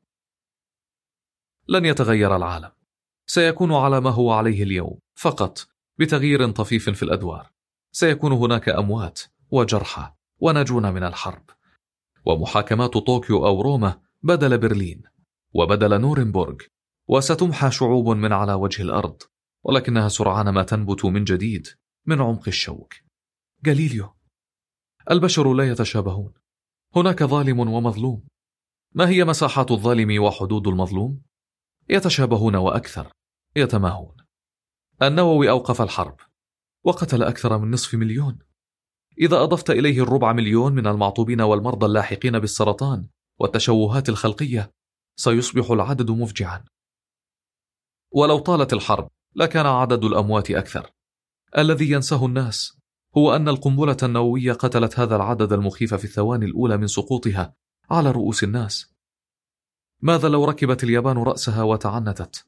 لن يتغير العالم، سيكون على ما هو عليه اليوم فقط، بتغيير طفيف في الأدوار. سيكون هناك أموات وجرحى وناجون من الحرب، ومحاكمات طوكيو أو روما بدل برلين وبدل نورنبورغ، وستمحى شعوب من على وجه الأرض، ولكنها سرعان ما تنبت من جديد من عمق الشوك. غاليليو، البشر لا يتشابهون، هناك ظالم ومظلوم. ما هي مساحات الظالم وحدود المظلوم؟ يتشابهون وأكثر، يتماهون. النووي أوقف الحرب وقتل أكثر من نصف مليون. إذا أضفت إليه الربع مليون من المعطوبين والمرضى اللاحقين بالسرطان والتشوهات الخلقية، سيصبح العدد مفجعا. ولو طالت الحرب لكان عدد الأموات أكثر. الذي ينساه الناس هو أن القنبلة النووية قتلت هذا العدد المخيف في الثواني الأولى من سقوطها على رؤوس الناس. ماذا لو ركبت اليابان رأسها وتعنتت؟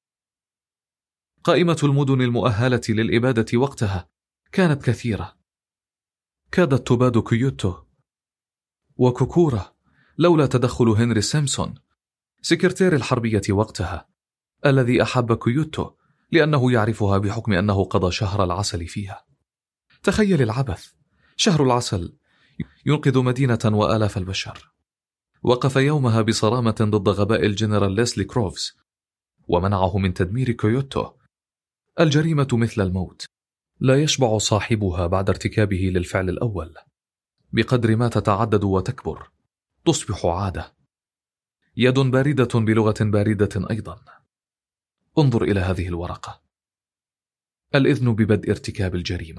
قائمة المدن المؤهلة للإبادة وقتها كانت كثيرة. كادت تباد كيوتو وكوكورا لولا تدخل هنري سيمسون، سكرتير الحربية وقتها، الذي أحب كيوتو لأنه يعرفها بحكم أنه قضى شهر العسل فيها. تخيل العبث، شهر العسل ينقذ مدينة وآلاف البشر. وقف يومها بصرامة ضد غباء الجنرال ليسلي كروفز ومنعه من تدمير كيوتو. الجريمة مثل الموت، لا يشبع صاحبها بعد ارتكابه للفعل الأول. بقدر ما تتعدد وتكبر تصبح عادة. يد باردة بلغة باردة أيضا. انظر إلى هذه الورقة. الإذن ببدء ارتكاب الجريمة.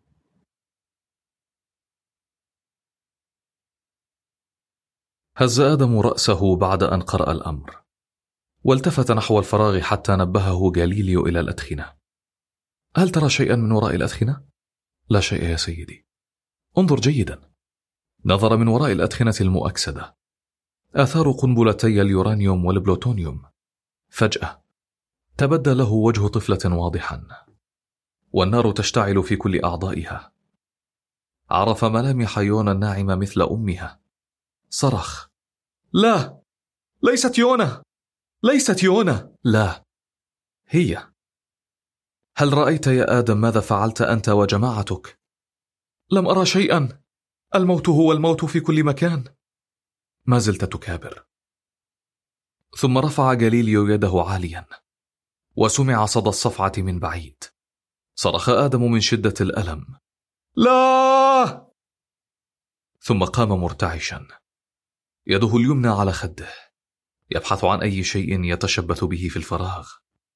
هز آدم رأسه بعد أن قرأ الأمر، والتفت نحو الفراغ حتى نبهه غاليليو إلى الأدخنة. هل ترى شيئا من وراء الأدخنة؟ لا شيء يا سيدي. انظر جيدا. نظر من وراء الأدخنة المؤكسدة. آثار قنبلتي اليورانيوم والبلوتونيوم. فجأة تبدى له وجه طفلة واضحا، والنار تشتعل في كل أعضائها. عرف ملامح يونا الناعمة مثل أمها. صرخ: لا، ليست يونا، ليست يونا، لا، هي. هل رأيت يا آدم ماذا فعلت أنت وجماعتك؟ لم أرى شيئا، الموت هو الموت في كل مكان. ما زلت تكابر. ثم رفع جاليليو يده عاليا، وسمع صدى الصفعة من بعيد. صرخ آدم من شدة الألم: لا! ثم قام مرتعشا، يده اليمنى على خده، يبحث عن أي شيء يتشبث به في الفراغ.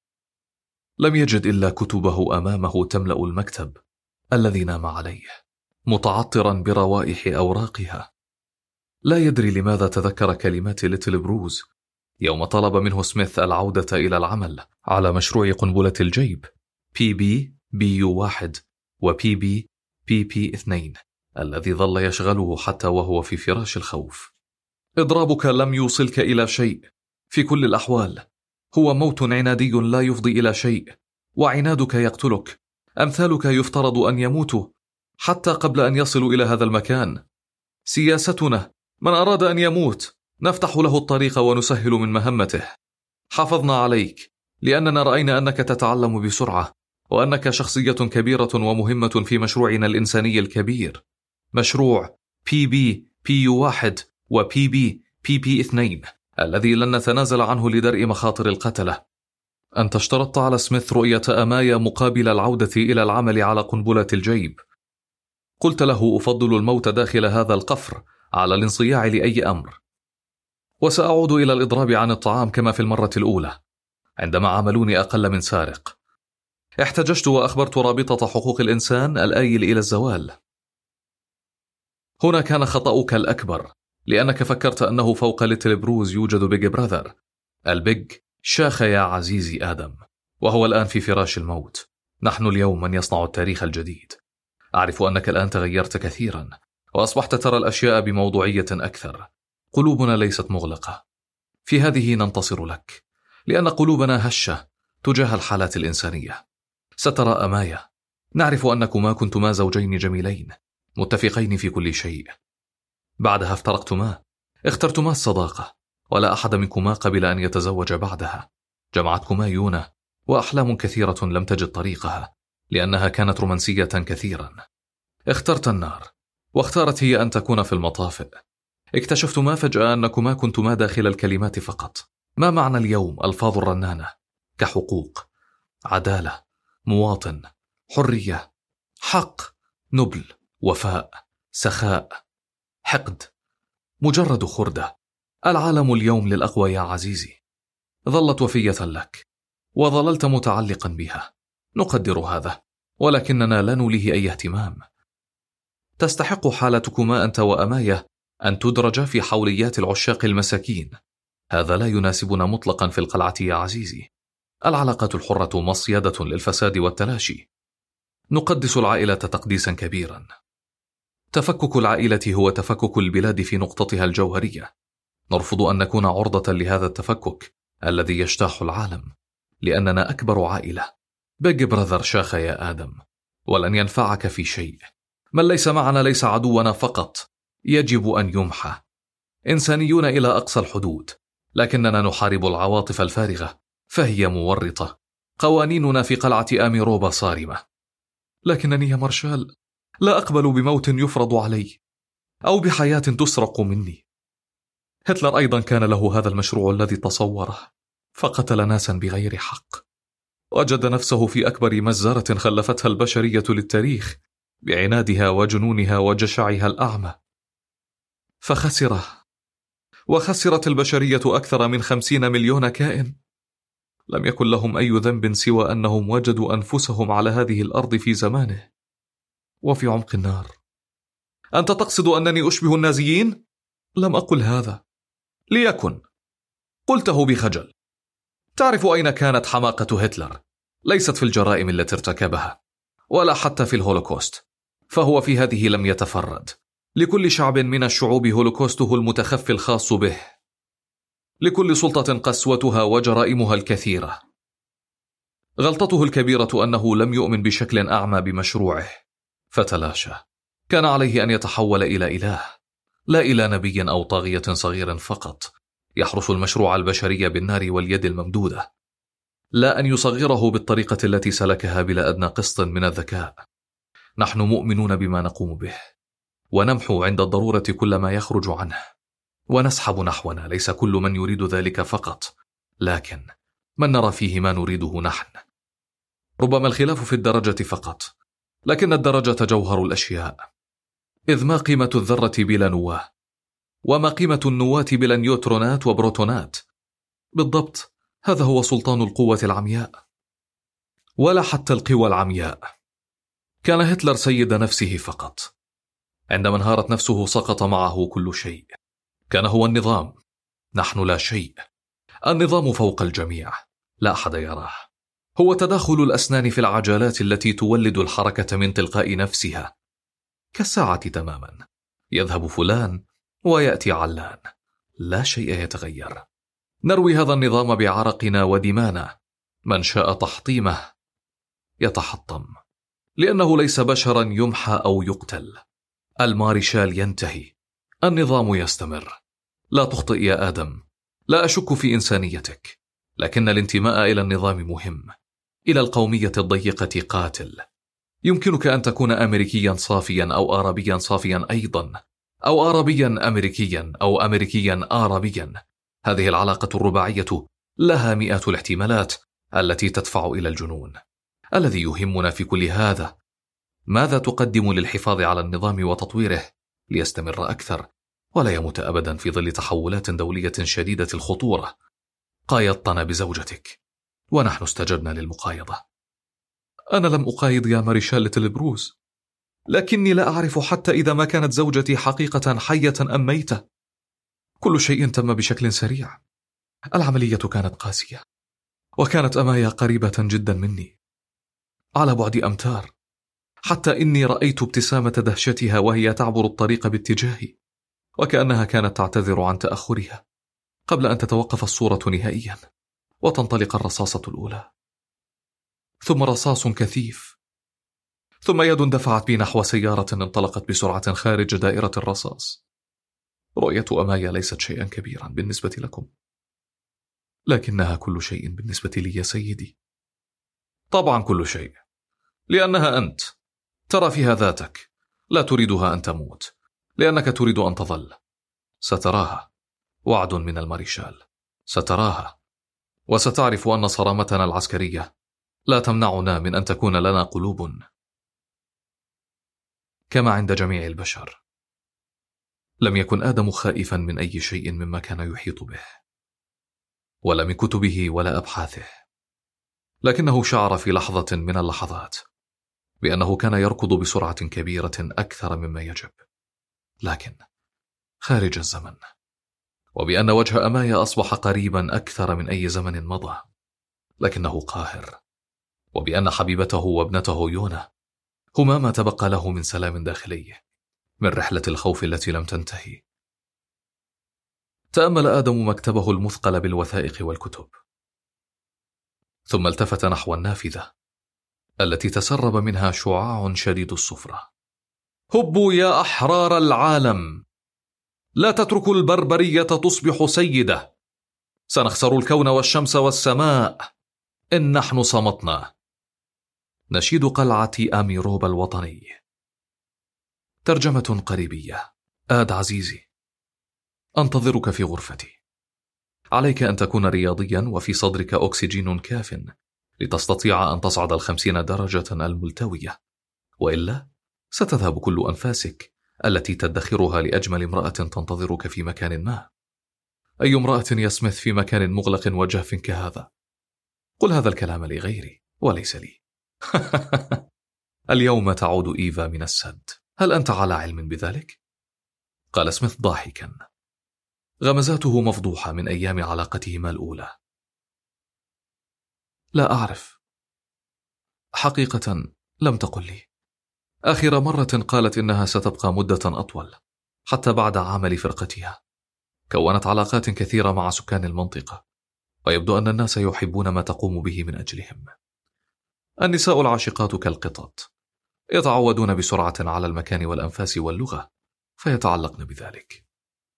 لم يجد إلا كتبه أمامه تملأ المكتب الذي نام عليه، متعطرا بروائح أوراقها. لا يدري لماذا تذكر كلمات ليتل بروز يوم طلب منه سميث العودة إلى العمل على مشروع قنبلة الجيب بي بي بي يو واحد وبي بي بي بي اثنين الذي ظل يشغله حتى وهو في فراش الخوف. إضرابك لم يوصلك إلى شيء، في كل الأحوال هو موت عنادي لا يفضي إلى شيء، وعنادك يقتلك. أمثالك يفترض أن يموتوا حتى قبل أن يصلوا إلى هذا المكان. سياستنا: من أراد أن يموت نفتح له الطريق ونسهل من مهمته. حافظنا عليك لأننا رأينا أنك تتعلم بسرعة، وأنك شخصية كبيرة ومهمة في مشروعنا الإنساني الكبير، مشروع بي بي بي يو واحد وبي بي بي بي اثنين الذي لن نتنازل عنه لدرء مخاطر القتلة. أنت اشترطت على سميث رؤية أمايا مقابل العودة إلى العمل على قنبلة الجيب. قلت له: أفضل الموت داخل هذا القفر على الانصياع لأي أمر، وسأعود إلى الإضراب عن الطعام كما في المرة الأولى عندما عاملوني أقل من سارق. احتججت وأخبرت رابطة حقوق الإنسان الآيل إلى الزوال. هنا كان خطأك الأكبر، لأنك فكرت أنه فوق ليتل بروز يوجد بيج براذر. البيج شاخ يا عزيزي آدم، وهو الآن في فراش الموت. نحن اليوم من يصنع التاريخ الجديد. أعرف أنك الآن تغيرت كثيرا، وأصبحت ترى الأشياء بموضوعية أكثر. قلوبنا ليست مغلقة. في هذه ننتصر لك، لأن قلوبنا هشة تجاه الحالات الإنسانية. سترى أمايا، نعرف أنكما كنتما زوجين جميلين متفقين في كل شيء. بعدها افترقتما، اخترتما الصداقة، ولا أحد منكما قبل أن يتزوج بعدها. جمعتكما يونا وأحلام كثيرة لم تجد طريقها، لأنها كانت رومانسية كثيرا. اخترت النار، واختارت هي أن تكون في المطافئ. اكتشفتما فجأة أنكما كنتما داخل الكلمات فقط. ما معنى اليوم ألفاظ الرنانة كحقوق، عدالة، مواطن، حرية، حق، نبل، وفاء، سخاء، حقد؟ مجرد خردة. العالم اليوم للأقوى يا عزيزي. ظلت وفية لك، وظللت متعلقا بها. نقدر هذا، ولكننا لا نوليه أي اهتمام. تستحق حالتكما أنت وأمايا أن تدرج في حوليات العشاق المساكين. هذا لا يناسبنا مطلقا في القلعة يا عزيزي. العلاقات الحرة مصيدة للفساد والتلاشي. نقدس العائلة تقديسا كبيرا. تفكك العائلة هو تفكك البلاد في نقطتها الجوهرية. نرفض أن نكون عرضة لهذا التفكك الذي يجتاح العالم، لأننا أكبر عائلة. بيج براذر شاخ يا آدم، ولن ينفعك في شيء. من ليس معنا ليس عدونا فقط، يجب أن يمحى. إنسانيون إلى أقصى الحدود، لكننا نحارب العواطف الفارغة فهي مورطة. قوانيننا في قلعة آميروبا صارمة. لكنني يا مارشال لا أقبل بموت يفرض علي، أو بحياة تسرق مني. هتلر أيضا كان له هذا المشروع الذي تصوره، فقتل ناسا بغير حق. وجد نفسه في أكبر مزارة خلفتها البشرية للتاريخ بعنادها وجنونها وجشعها الأعمى. فخسر، وخسرت البشرية أكثر من خمسين مليون كائن. لم يكن لهم أي ذنب سوى أنهم وجدوا أنفسهم على هذه الأرض في زمانه وفي عمق النار. أنت تقصد أنني أشبه النازيين؟ لم أقل هذا. ليكن. قلته بخجل. تعرف أين كانت حماقة هتلر؟ ليست في الجرائم التي ارتكبها، ولا حتى في الهولوكوست. فهو في هذه لم يتفرد. لكل شعب من الشعوب هولوكوسته المتخفي الخاص به، لكل سلطة قسوتها وجرائمها الكثيرة. غلطته الكبيرة أنه لم يؤمن بشكل أعمى بمشروعه فتلاشى. كان عليه أن يتحول إلى إله، لا إلى نبي أو طاغية صغير فقط يحرس المشروع البشري بالنار واليد الممدودة، لا أن يصغره بالطريقة التي سلكها بلا أدنى قسط من الذكاء. نحن مؤمنون بما نقوم به، ونمحو عند الضرورة كل ما يخرج عنه، ونسحب نحونا ليس كل من يريد ذلك فقط، لكن من نرى فيه ما نريده نحن. ربما الخلاف في الدرجة فقط، لكن الدرجة جوهر الأشياء. إذ ما قيمة الذرة بلا نواة؟ وما قيمة النواة بلا نيوترونات وبروتونات؟ بالضبط، هذا هو سلطان القوة العمياء، ولا حتى القوى العمياء. كان هتلر سيد نفسه فقط، عندما انهارت نفسه سقط معه كل شيء. كان هو النظام، نحن لا شيء. النظام فوق الجميع، لا أحد يراه. هو تداخل الأسنان في العجلات التي تولد الحركة من تلقاء نفسها، كالساعة تماما. يذهب فلان ويأتي علان، لا شيء يتغير. نروي هذا النظام بعرقنا ودمانا. من شاء تحطيمه يتحطم، لأنه ليس بشرا يمحى أو يقتل. المارشال ينتهي، النظام يستمر. لا تخطئ يا آدم، لا أشك في إنسانيتك، لكن الانتماء إلى النظام مهم. إلى القومية الضيقة قاتل. يمكنك أن تكون أمريكيا صافيا أو عربيا صافيا أيضا، أو عربيا أمريكيا أو أمريكيا عربيا. هذه العلاقة الرباعية لها مئات الاحتمالات التي تدفع إلى الجنون. الذي يهمنا في كل هذا، ماذا تقدم للحفاظ على النظام وتطويره ليستمر أكثر ولا يموت أبدا في ظل تحولات دولية شديدة الخطورة؟ قايضتنا بزوجتك ونحن استجبنا للمقايضة. أنا لم أقايض يا ماريشال لتلبروز، لكني لا أعرف حتى إذا ما كانت زوجتي حقيقة حية أم ميتة. كل شيء تم بشكل سريع. العملية كانت قاسية، وكانت أمايا قريبة جدا مني على بعد أمتار، حتى إني رأيت ابتسامة دهشتها وهي تعبر الطريق باتجاهي، وكأنها كانت تعتذر عن تأخرها قبل أن تتوقف الصورة نهائيا وتنطلق الرصاصة الأولى، ثم رصاص كثيف، ثم يد دفعت بي نحو سيارة انطلقت بسرعة خارج دائرة الرصاص. رؤية أمايا ليست شيئا كبيرا بالنسبة لكم، لكنها كل شيء بالنسبة لي يا سيدي. طبعا كل شيء، لأنها أنت. ترى فيها ذاتك، لا تريدها أن تموت لأنك تريد أن تظل. ستراها، وعد من الماريشال. ستراها، وستعرف أن صرامتنا العسكرية لا تمنعنا من أن تكون لنا قلوب كما عند جميع البشر. لم يكن آدم خائفا من أي شيء مما كان يحيط به، ولا من كتبه ولا أبحاثه، لكنه شعر في لحظة من اللحظات بأنه كان يركض بسرعة كبيرة أكثر مما يجب، لكن خارج الزمن، وبأن وجه أمايا أصبح قريبا أكثر من أي زمن مضى، لكنه قاهر، وبأن حبيبته وابنته يونا هما ما تبقى له من سلام داخلي من رحلة الخوف التي لم تنتهي. تأمل آدم مكتبه المثقل بالوثائق والكتب، ثم التفت نحو النافذة التي تسرب منها شعاع شديد الصفرة. هبوا يا أحرار العالم، لا تتركوا البربرية تصبح سيدة. سنخسر الكون والشمس والسماء إن نحن صمتنا. نشيد قلعة آميروبا الوطني. ترجمة قريبية. آد عزيزي، أنتظرك في غرفتي. عليك أن تكون رياضيا وفي صدرك أكسجين كاف لتستطيع أن تصعد الخمسين درجة الملتوية، وإلا ستذهب كل أنفاسك التي تدخرها لأجمل امرأة تنتظرك في مكان ما. أي امرأة يا سميث في مكان مغلق وجاف كهذا؟ قل هذا الكلام لغيري وليس لي. اليوم تعود إيفا من السد، هل أنت على علم بذلك؟ قال سميث ضاحكا، غمزاته مفضوحة من أيام علاقتهما الأولى. لا أعرف، حقيقة لم تقل لي. آخر مرة قالت إنها ستبقى مدة أطول، حتى بعد عمل فرقتها. كونت علاقات كثيرة مع سكان المنطقة، ويبدو أن الناس يحبون ما تقوم به من أجلهم. النساء العاشقات كالقطط، يتعودون بسرعة على المكان والأنفاس واللغة، فيتعلقن بذلك.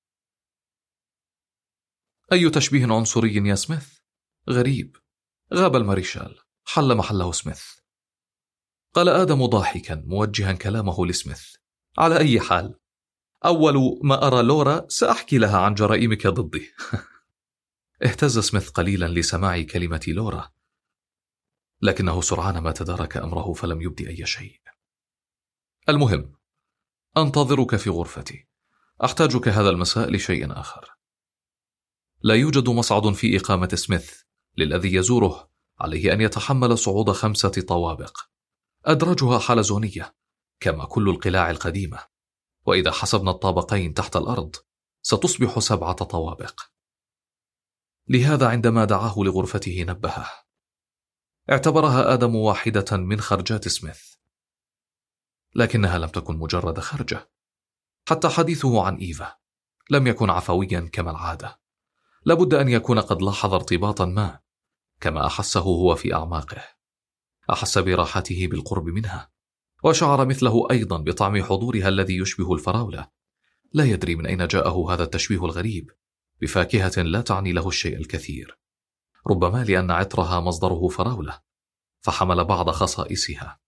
أي تشبيه عنصري يا سميث؟ غريب. غاب الماريشال، حل محله سميث. قال آدم ضاحكا موجها كلامه لسميث: على أي حال، أول ما أرى لورا سأحكي لها عن جرائمك ضدي. اهتز سميث قليلا لسماع كلمة لورا، لكنه سرعان ما تدارك أمره فلم يبدي أي شيء. المهم، أنتظرك في غرفتي، أحتاجك هذا المساء لشيء آخر. لا يوجد مصعد في إقامة سميث، للذي يزوره عليه أن يتحمل صعود خمسة طوابق، أدراجها حلزونية كما كل القلاع القديمة، وإذا حسبنا الطابقين تحت الأرض ستصبح سبعة طوابق. لهذا عندما دعاه لغرفته نبهه. اعتبرها آدم واحدة من خرجات سميث، لكنها لم تكن مجرد خرجة. حتى حديثه عن إيفا لم يكن عفويا كما العادة، لابد أن يكون قد لاحظ ارتباطا ما، كما أحسه هو في أعماقه. أحس براحته بالقرب منها، وشعر مثله أيضا بطعم حضورها الذي يشبه الفراولة. لا يدري من أين جاءه هذا التشبيه الغريب بفاكهة لا تعني له الشيء الكثير، ربما لأن عطرها مصدره فراولة فحمل بعض خصائصها.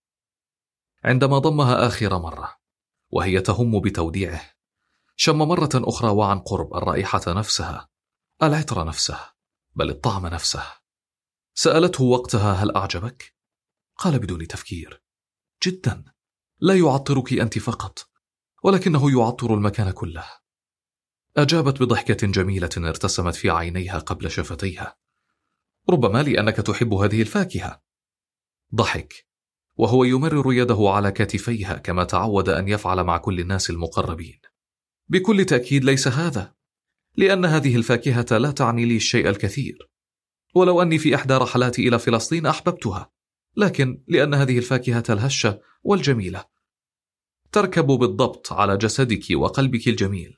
عندما ضمها آخر مرة وهي تهم بتوديعه، شم مرة أخرى وعن قرب الرائحة نفسها، العطر نفسه، بل الطعم نفسه. سألته وقتها: هل أعجبك؟ قال بدون تفكير: جدا، لا يعطرك أنت فقط، ولكنه يعطر المكان كله. أجابت بضحكة جميلة ارتسمت في عينيها قبل شفتيها: ربما لأنك تحب هذه الفاكهة. ضحك وهو يمرر يده على كتفيها كما تعود أن يفعل مع كل الناس المقربين. بكل تأكيد ليس هذا، لأن هذه الفاكهة لا تعني لي الشيء الكثير، ولو أني في إحدى رحلاتي إلى فلسطين أحببتها، لكن لأن هذه الفاكهة الهشة والجميلة تركب بالضبط على جسدك وقلبك الجميل.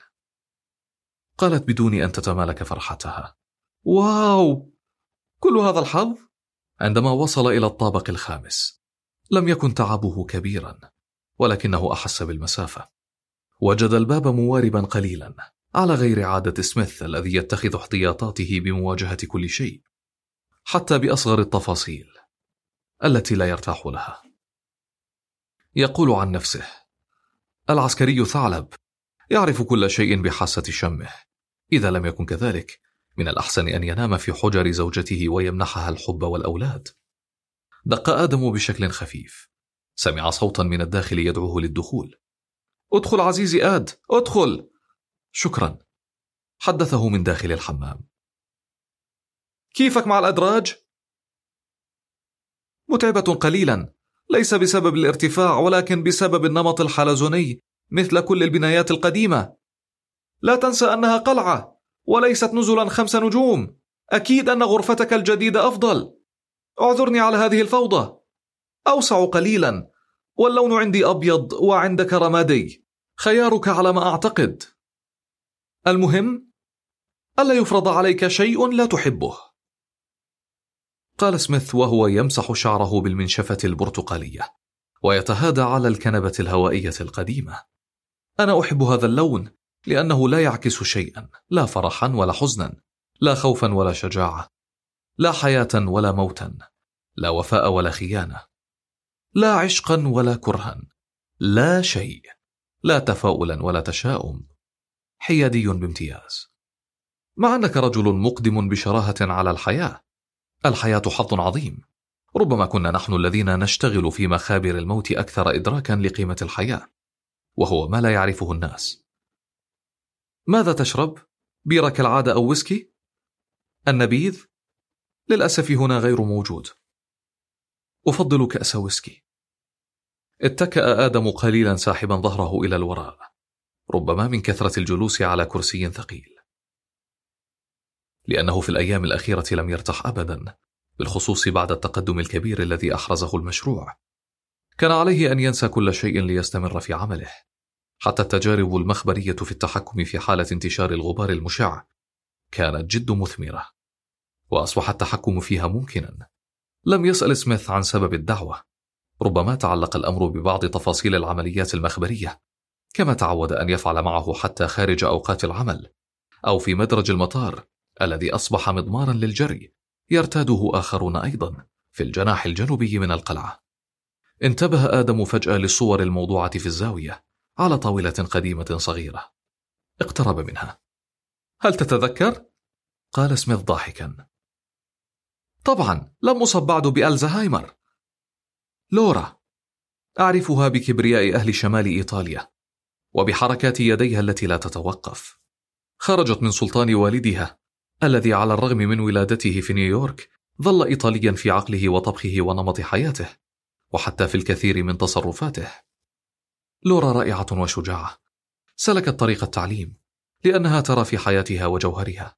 قالت بدون أن تتمالك فرحتها: واو، كل هذا الحظ؟ عندما وصل إلى الطابق الخامس لم يكن تعبه كبيرا، ولكنه أحس بالمسافة. وجد الباب مواربا قليلا، على غير عادة سميث الذي يتخذ احتياطاته بمواجهة كل شيء، حتى بأصغر التفاصيل التي لا يرتاح لها. يقول عن نفسه: العسكري ثعلب، يعرف كل شيء بحاسة شمه. إذا لم يكن كذلك، من الأحسن أن ينام في حجر زوجته ويمنحها الحب والأولاد. دق آدم بشكل خفيف، سمع صوتا من الداخل يدعوه للدخول. ادخل عزيزي آد، ادخل. شكرا، حدثه من داخل الحمام. كيفك مع الأدراج؟ متعبة قليلا، ليس بسبب الارتفاع ولكن بسبب النمط الحلزوني مثل كل البنايات القديمة. لا تنسى أنها قلعة وليست نزلا خمس نجوم. أكيد أن غرفتك الجديدة أفضل. اعذرني على هذه الفوضى. أوسع قليلا، واللون عندي أبيض وعندك رمادي، خيارك على ما أعتقد. المهم ألا يفرض عليك شيء لا تحبه. قال سميث وهو يمسح شعره بالمنشفة البرتقالية ويتهادى على الكنبة الهوائية القديمة. أنا أحب هذا اللون لأنه لا يعكس شيئا، لا فرحا ولا حزنا، لا خوفا ولا شجاعة، لا حياة ولا موتا، لا وفاء ولا خيانة، لا عشقا ولا كرها، لا شيء، لا تفاؤلا ولا تشاؤم، حيادي بامتياز. مع أنك رجل مقدم بشراهة على الحياة. الحياة حظ عظيم، ربما كنا نحن الذين نشتغل في مخابر الموت أكثر إدراكا لقيمة الحياة، وهو ما لا يعرفه الناس. ماذا تشرب؟ بيرة كالعادة أو ويسكي؟ النبيذ؟ للأسف هنا غير موجود. أفضل كأس ويسكي. اتكأ آدم قليلا ساحبا ظهره إلى الوراء، ربما من كثرة الجلوس على كرسي ثقيل، لأنه في الأيام الأخيرة لم يرتاح أبدا، بالخصوص بعد التقدم الكبير الذي أحرزه المشروع. كان عليه أن ينسى كل شيء ليستمر في عمله، حتى التجارب المخبرية في التحكم في حالة انتشار الغبار المشع كانت جد مثمرة، وأصبح التحكم فيها ممكنا. لم يسأل سميث عن سبب الدعوة، ربما تعلق الأمر ببعض تفاصيل العمليات المخبرية، كما تعود أن يفعل معه حتى خارج أوقات العمل، أو في مدرج المطار الذي أصبح مضمارا للجري يرتاده آخرون أيضا في الجناح الجنوبي من القلعة. انتبه آدم فجأة للصور الموضوعة في الزاوية على طاولة قديمة صغيرة. اقترب منها. هل تتذكر؟ قال سميث ضاحكا. طبعا، لم أصب بعد بألزهايمر. لورا، أعرفها بكبرياء أهل شمال إيطاليا وبحركات يديها التي لا تتوقف. خرجت من سلطان والدها الذي على الرغم من ولادته في نيويورك ظل إيطاليا في عقله وطبخه ونمط حياته، وحتى في الكثير من تصرفاته. لورا رائعة وشجاعة، سلكت طريق التعليم لأنها ترى في حياتها وجوهرها.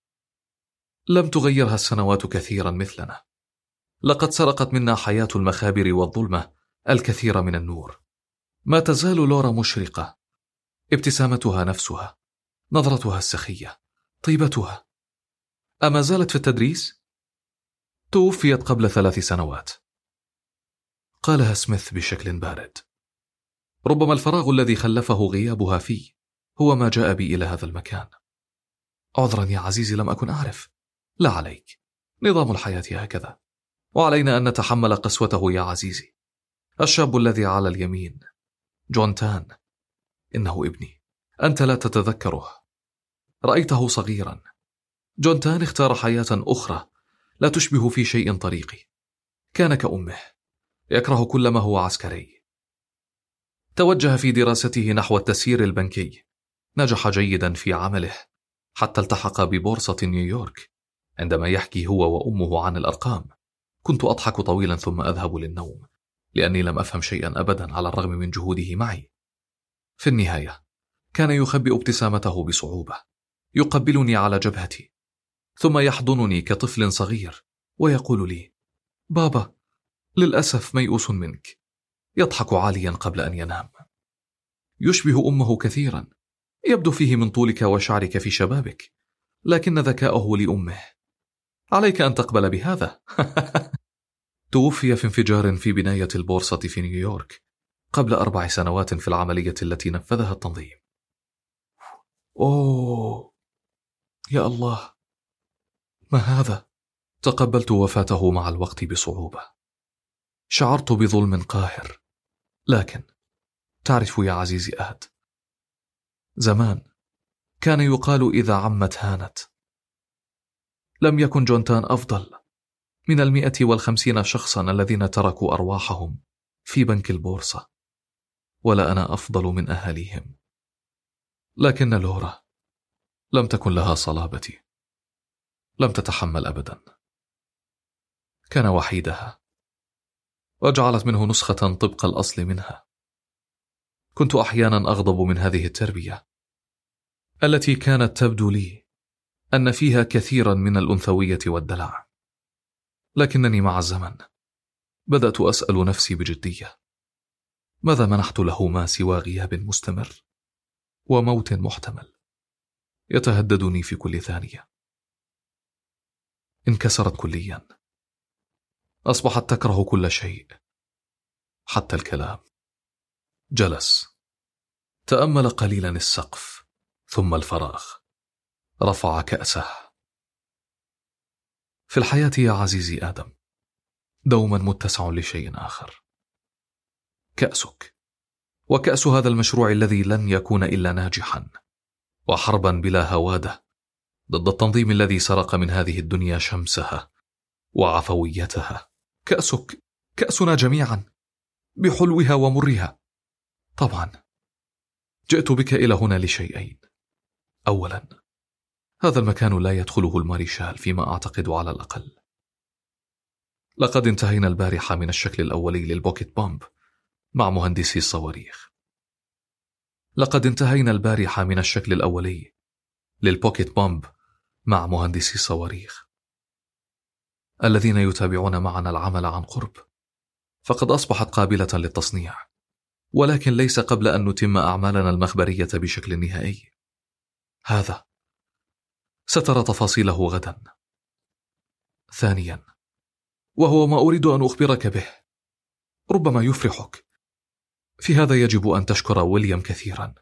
لم تغيرها السنوات كثيرا مثلنا. لقد سرقت منا حياة المخابر والظلمة الكثير من النور. ما تزال لورا مشرقة، ابتسامتها نفسها، نظرتها السخية، طيبتها. أما زالت في التدريس؟ توفيت قبل ثلاث سنوات. قالها سميث بشكل بارد. ربما الفراغ الذي خلفه غيابها فيه هو ما جاء بي إلى هذا المكان. عذرا يا عزيزي، لم أكن أعرف. لا عليك، نظام الحياة هكذا، وعلينا أن نتحمل قسوته يا عزيزي. الشاب الذي على اليمين، جون تان، إنه ابني. أنت لا تتذكره. رأيته صغيرا. جون تان اختار حياة أخرى لا تشبه في شيء طريقي. كان كأمه، يكره كل ما هو عسكري. توجه في دراسته نحو التسيير البنكي، نجح جيدا في عمله حتى التحق ببورصة نيويورك. عندما يحكي هو وأمه عن الأرقام كنت أضحك طويلا ثم أذهب للنوم، لأني لم أفهم شيئا أبدا على الرغم من جهوده معي. في النهاية كان يخبئ ابتسامته بصعوبة، يقبلني على جبهتي ثم يحضنني كطفل صغير ويقول لي: بابا، للأسف ميؤوس منك. يضحك عاليا قبل أن ينام. يشبه أمه كثيرا، يبدو فيه من طولك وشعرك في شبابك، لكن ذكاؤه لأمه. عليك أن تقبل بهذا. توفي في انفجار في بناية البورصة في نيويورك قبل أربع سنوات في العملية التي نفذها التنظيم. أوه يا الله، ما هذا؟ تقبلت وفاته مع الوقت بصعوبة. شعرت بظلم قاهر، لكن تعرف يا عزيزي أهد، زمان كان يقال إذا عمت هانت. لم يكن جونتان أفضل من المئة والخمسين شخصا الذين تركوا أرواحهم في بنك البورصة، ولا أنا أفضل من أهاليهم. لكن لورا لم تكن لها صلابتي، لم تتحمل أبدا. كان وحيدها، وجعلت منه نسخة طبق الأصل منها. كنت أحيانا أغضب من هذه التربية التي كانت تبدو لي أن فيها كثيرا من الأنثوية والدلع، لكنني مع الزمن بدأت أسأل نفسي بجدية: ماذا منحت له ما سوى غياب مستمر وموت محتمل يتهددني في كل ثانية؟ انكسرت كليا، أصبحت تكره كل شيء حتى الكلام. جلس، تأمل قليلا السقف ثم الفراغ، رفع كأسه. في الحياة يا عزيزي آدم دوما متسع لشيء آخر، كأسك، وكأس هذا المشروع الذي لن يكون إلا ناجحا، وحربا بلا هوادة ضد التنظيم الذي سرق من هذه الدنيا شمسها وعفويتها. كأسك، كأسنا جميعا، بحلوها ومرها. طبعا جئت بك إلى هنا لشيئين. أولا، هذا المكان لا يدخله الماريشال فيما أعتقد على الأقل. لقد انتهينا البارحة من الشكل الأولي للبوكيت بومب مع مهندسي الصواريخ. لقد انتهينا البارحة من الشكل الأولي للبوكيت بومب مع مهندسي الصواريخ الذين يتابعون معنا العمل عن قرب. فقد أصبحت قابلة للتصنيع، ولكن ليس قبل أن نتم أعمالنا المخبرية بشكل نهائي. هذا سترى تفاصيله غدا. ثانيا، وهو ما أريد أن أخبرك به، ربما يفرحك. في هذا يجب أن تشكر ويليام كثيرا،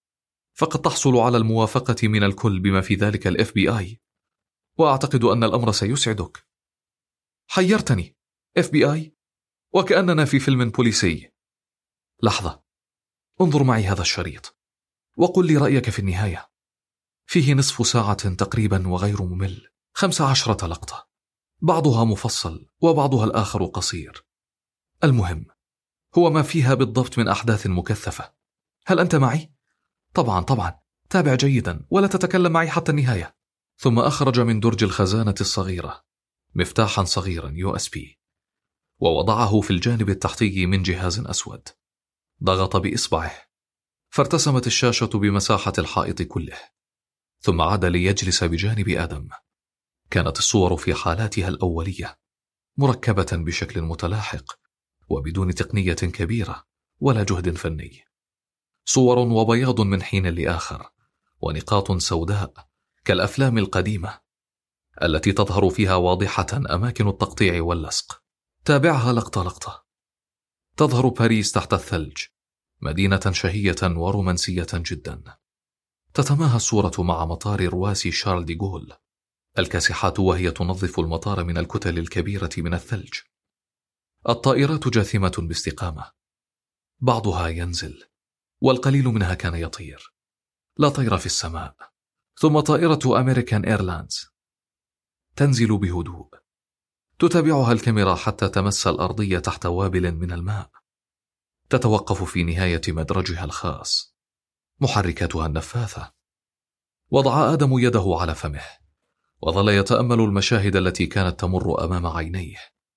فقد تحصل على الموافقة من الكل بما في ذلك ال إف بي آي، وأعتقد أن الأمر سيسعدك. حيرتني، إف بي آي، وكأننا في فيلم بوليسي. لحظة، انظر معي هذا الشريط وقل لي رأيك في النهاية. فيه نصف ساعة تقريبا وغير ممل، خمس عشرة لقطة، بعضها مفصل وبعضها الآخر قصير. المهم هو ما فيها بالضبط من أحداث مكثفة. هل أنت معي؟ طبعا طبعا، تابع جيدا ولا تتكلم معي حتى النهاية. ثم أخرج من درج الخزانة الصغيرة مفتاحا صغيرا يو إس بي، ووضعه في الجانب التحتي من جهاز أسود. ضغط بإصبعه فارتسمت الشاشة بمساحة الحائط كله، ثم عاد ليجلس بجانب آدم. كانت الصور في حالاتها الأولية، مركبة بشكل متلاحق وبدون تقنية كبيرة ولا جهد فني. صور وبياض من حين لآخر، ونقاط سوداء كالأفلام القديمة التي تظهر فيها واضحة أماكن التقطيع واللصق. تابعها لقطة لقطة. تظهر باريس تحت الثلج، مدينة شهية ورومانسية جدا. تتماهى الصورة مع مطار رواسي شارل دي غول، الكاسحات وهي تنظف المطار من الكتل الكبيرة من الثلج. الطائرات جاثمة باستقامة، بعضها ينزل والقليل منها كان يطير. لا طير في السماء. ثم طائرة أمريكان إيرلاينز تنزل بهدوء، تتابعها الكاميرا حتى تمس الأرضية تحت وابل من الماء. تتوقف في نهاية مدرجها الخاص، محركاتها النفاثة. وضع آدم يده على فمه وظل يتأمل المشاهد التي كانت تمر أمام عينيه،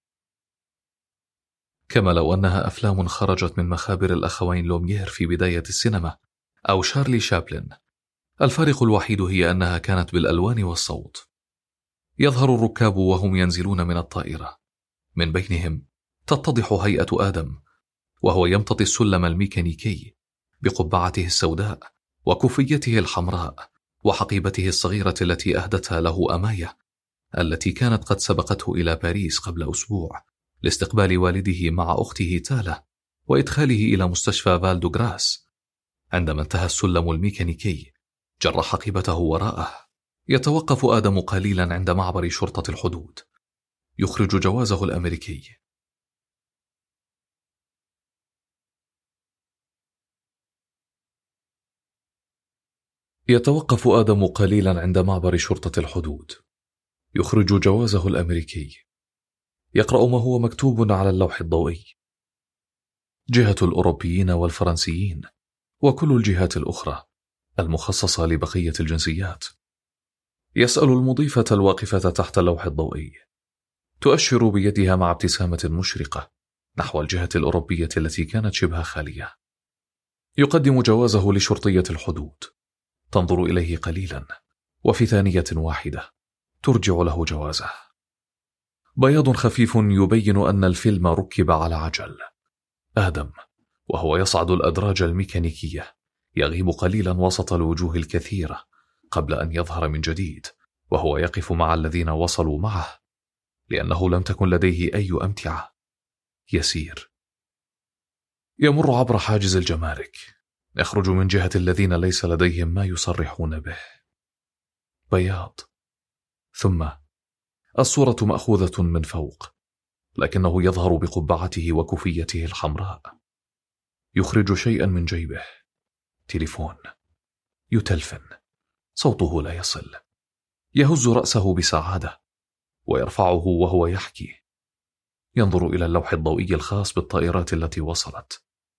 كما لو أنها أفلام خرجت من مخابر الأخوين لوميير في بداية السينما أو شارلي شابلن. الفارق الوحيد هي أنها كانت بالألوان والصوت. يظهر الركاب وهم ينزلون من الطائرة، من بينهم تتضح هيئة آدم وهو يمتطي السلم الميكانيكي بقبعته السوداء وكوفيته الحمراء وحقيبته الصغيرة التي أهدتها له أماية، التي كانت قد سبقته إلى باريس قبل أسبوع لاستقبال والده مع أخته تالا وإدخاله إلى مستشفى فالدوغراس. عندما انتهى السلم الميكانيكي جر حقيبته وراءه. يتوقف آدم قليلا عند معبر شرطة الحدود، يخرج جوازه الأمريكي. يتوقف آدم قليلا عند معبر شرطة الحدود، يخرج جوازه الأمريكي. يقرأ ما هو مكتوب على اللوح الضوئي: جهة الأوروبيين والفرنسيين وكل الجهات الأخرى المخصصة لبقية الجنسيات. يسأل المضيفة الواقفة تحت اللوح الضوئي، تؤشر بيدها مع ابتسامة مشرقة نحو الجهة الأوروبية التي كانت شبه خالية. يقدم جوازه لشرطية الحدود، تنظر إليه قليلا وفي ثانية واحدة ترجع له جوازه. بياض خفيف يبين أن الفيلم ركب على عجل. آدم وهو يصعد الأدراج الميكانيكية يغيب قليلا وسط الوجوه الكثيرة قبل أن يظهر من جديد وهو يقف مع الذين وصلوا معه، لأنه لم تكن لديه أي أمتعة. يسير، يمر عبر حاجز الجمارك، يخرج من جهة الذين ليس لديهم ما يصرحون به. بياض، ثم الصورة مأخوذة من فوق، لكنه يظهر بقبعته وكوفيته الحمراء. يخرج شيئا من جيبه، تليفون، يتلفن، صوته لا يصل. يهز رأسه بسعادة ويرفعه وهو يحكي. ينظر إلى اللوح الضوئي الخاص بالطائرات التي وصلت.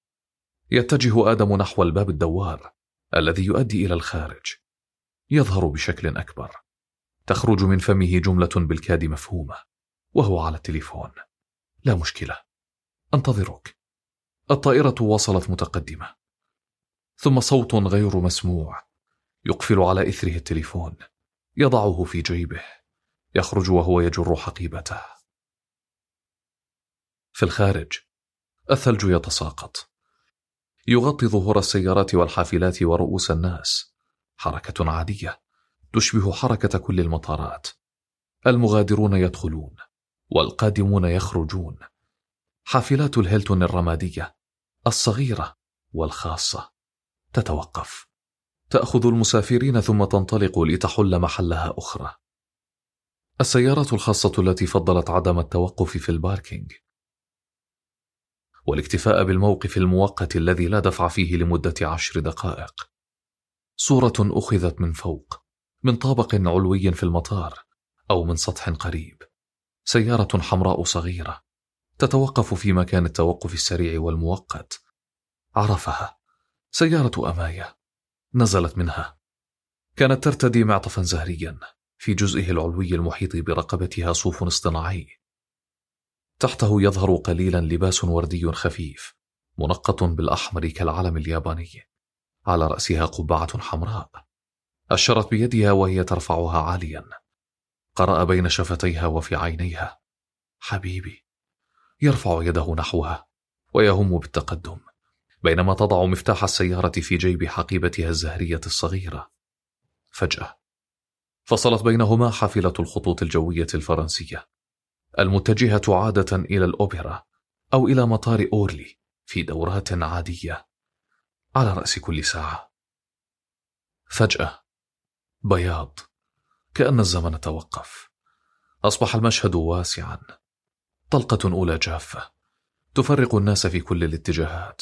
يتجه آدم نحو الباب الدوار الذي يؤدي إلى الخارج. يظهر بشكل أكبر. تخرج من فمه جملة بالكاد مفهومة وهو على التليفون: لا مشكلة، أنتظرك. الطائرة وصلت متقدمة. ثم صوت غير مسموع يقفل على إثره التليفون. يضعه في جيبه. يخرج وهو يجر حقيبته. في الخارج الثلج يتساقط، يغطي ظهور السيارات والحافلات ورؤوس الناس. حركة عادية تشبه حركة كل المطارات. المغادرون يدخلون والقادمون يخرجون. حافلات الهيلتون الرمادية الصغيرة والخاصة تتوقف، تأخذ المسافرين ثم تنطلق لتحل محلها أخرى. السيارات الخاصة التي فضلت عدم التوقف في الباركينج والاكتفاء بالموقف المؤقت الذي لا دفع فيه لمدة عشر دقائق. صورة أخذت من فوق، من طابق علوي في المطار أو من سطح قريب. سيارة حمراء صغيرة تتوقف في مكان التوقف السريع والمؤقت. عرفها، سيارة أماية. نزلت منها، كانت ترتدي معطفا زهريا في جزئه العلوي المحيط برقبتها صوف اصطناعي. تحته يظهر قليلا لباس وردي خفيف منقط بالأحمر كالعلم الياباني. على رأسها قبعة حمراء. أشرت بيدها وهي ترفعها عاليا. قرأ بين شفتيها وفي عينيها: حبيبي. يرفع يده نحوها ويهم بالتقدم، بينما تضع مفتاح السيارة في جيب حقيبتها الزهرية الصغيرة. فجأة فصلت بينهما حافلة الخطوط الجوية الفرنسية المتجهة عادة إلى الأوبرا أو إلى مطار أورلي في دورات عادية على رأس كل ساعة. فجأة بياض، كأن الزمن توقف. أصبح المشهد واسعا. طلقة أولى جافة تفرق الناس في كل الاتجاهات.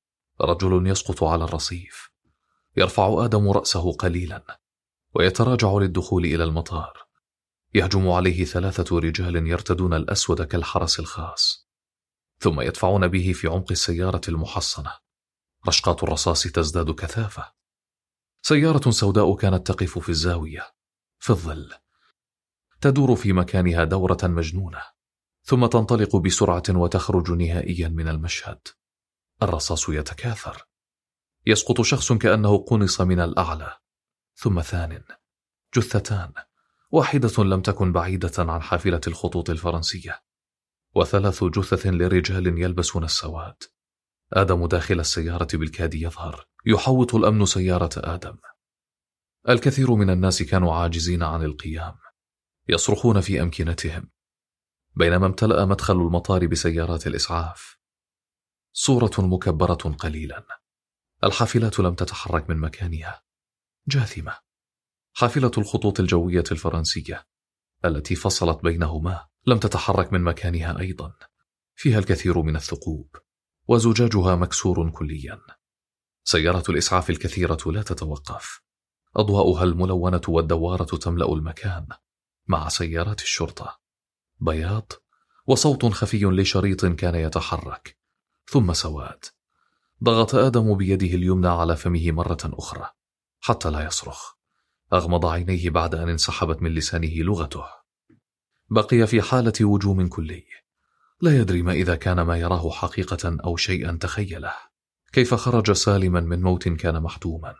رجل يسقط على الرصيف. يرفع آدم رأسه قليلا ويتراجع للدخول إلى المطار. يهجم عليه ثلاثة رجال يرتدون الأسود كالحرس الخاص، ثم يدفعون به في عمق السيارة المحصنة. رشقات الرصاص تزداد كثافة. سيارة سوداء كانت تقف في الزاوية في الظل، تدور في مكانها دورة مجنونة، ثم تنطلق بسرعة وتخرج نهائيا من المشهد. الرصاص يتكاثر. يسقط شخص كأنه قنص من الأعلى، ثم ثان. جثتان، واحدة لم تكن بعيدة عن حافلة الخطوط الفرنسية، وثلاث جثث لرجال يلبسون السواد. آدم داخل السيارة بالكاد يظهر. يحوط الأمن سيارة آدم. الكثير من الناس كانوا عاجزين عن القيام، يصرخون في أمكنتهم، بينما امتلأ مدخل المطار بسيارات الإسعاف. صورة مكبرة قليلا. الحافلات لم تتحرك من مكانها، جاثمة. حافلة الخطوط الجوية الفرنسية التي فصلت بينهما لم تتحرك من مكانها أيضا. فيها الكثير من الثقوب وزجاجها مكسور كليا. سيارة الإسعاف الكثيرة لا تتوقف. أضواؤها الملونة والدوارة تملأ المكان مع سيارات الشرطة. بياض وصوت خفي لشريط كان يتحرك، ثم سواد. ضغط آدم بيده اليمنى على فمه مرة أخرى حتى لا يصرخ. أغمض عينيه بعد أن انسحبت من لسانه لغته. بقي في حالة وجوم كلي، لا يدري ما إذا كان ما يراه حقيقة أو شيئا تخيله. كيف خرج سالما من موت كان محتوما؟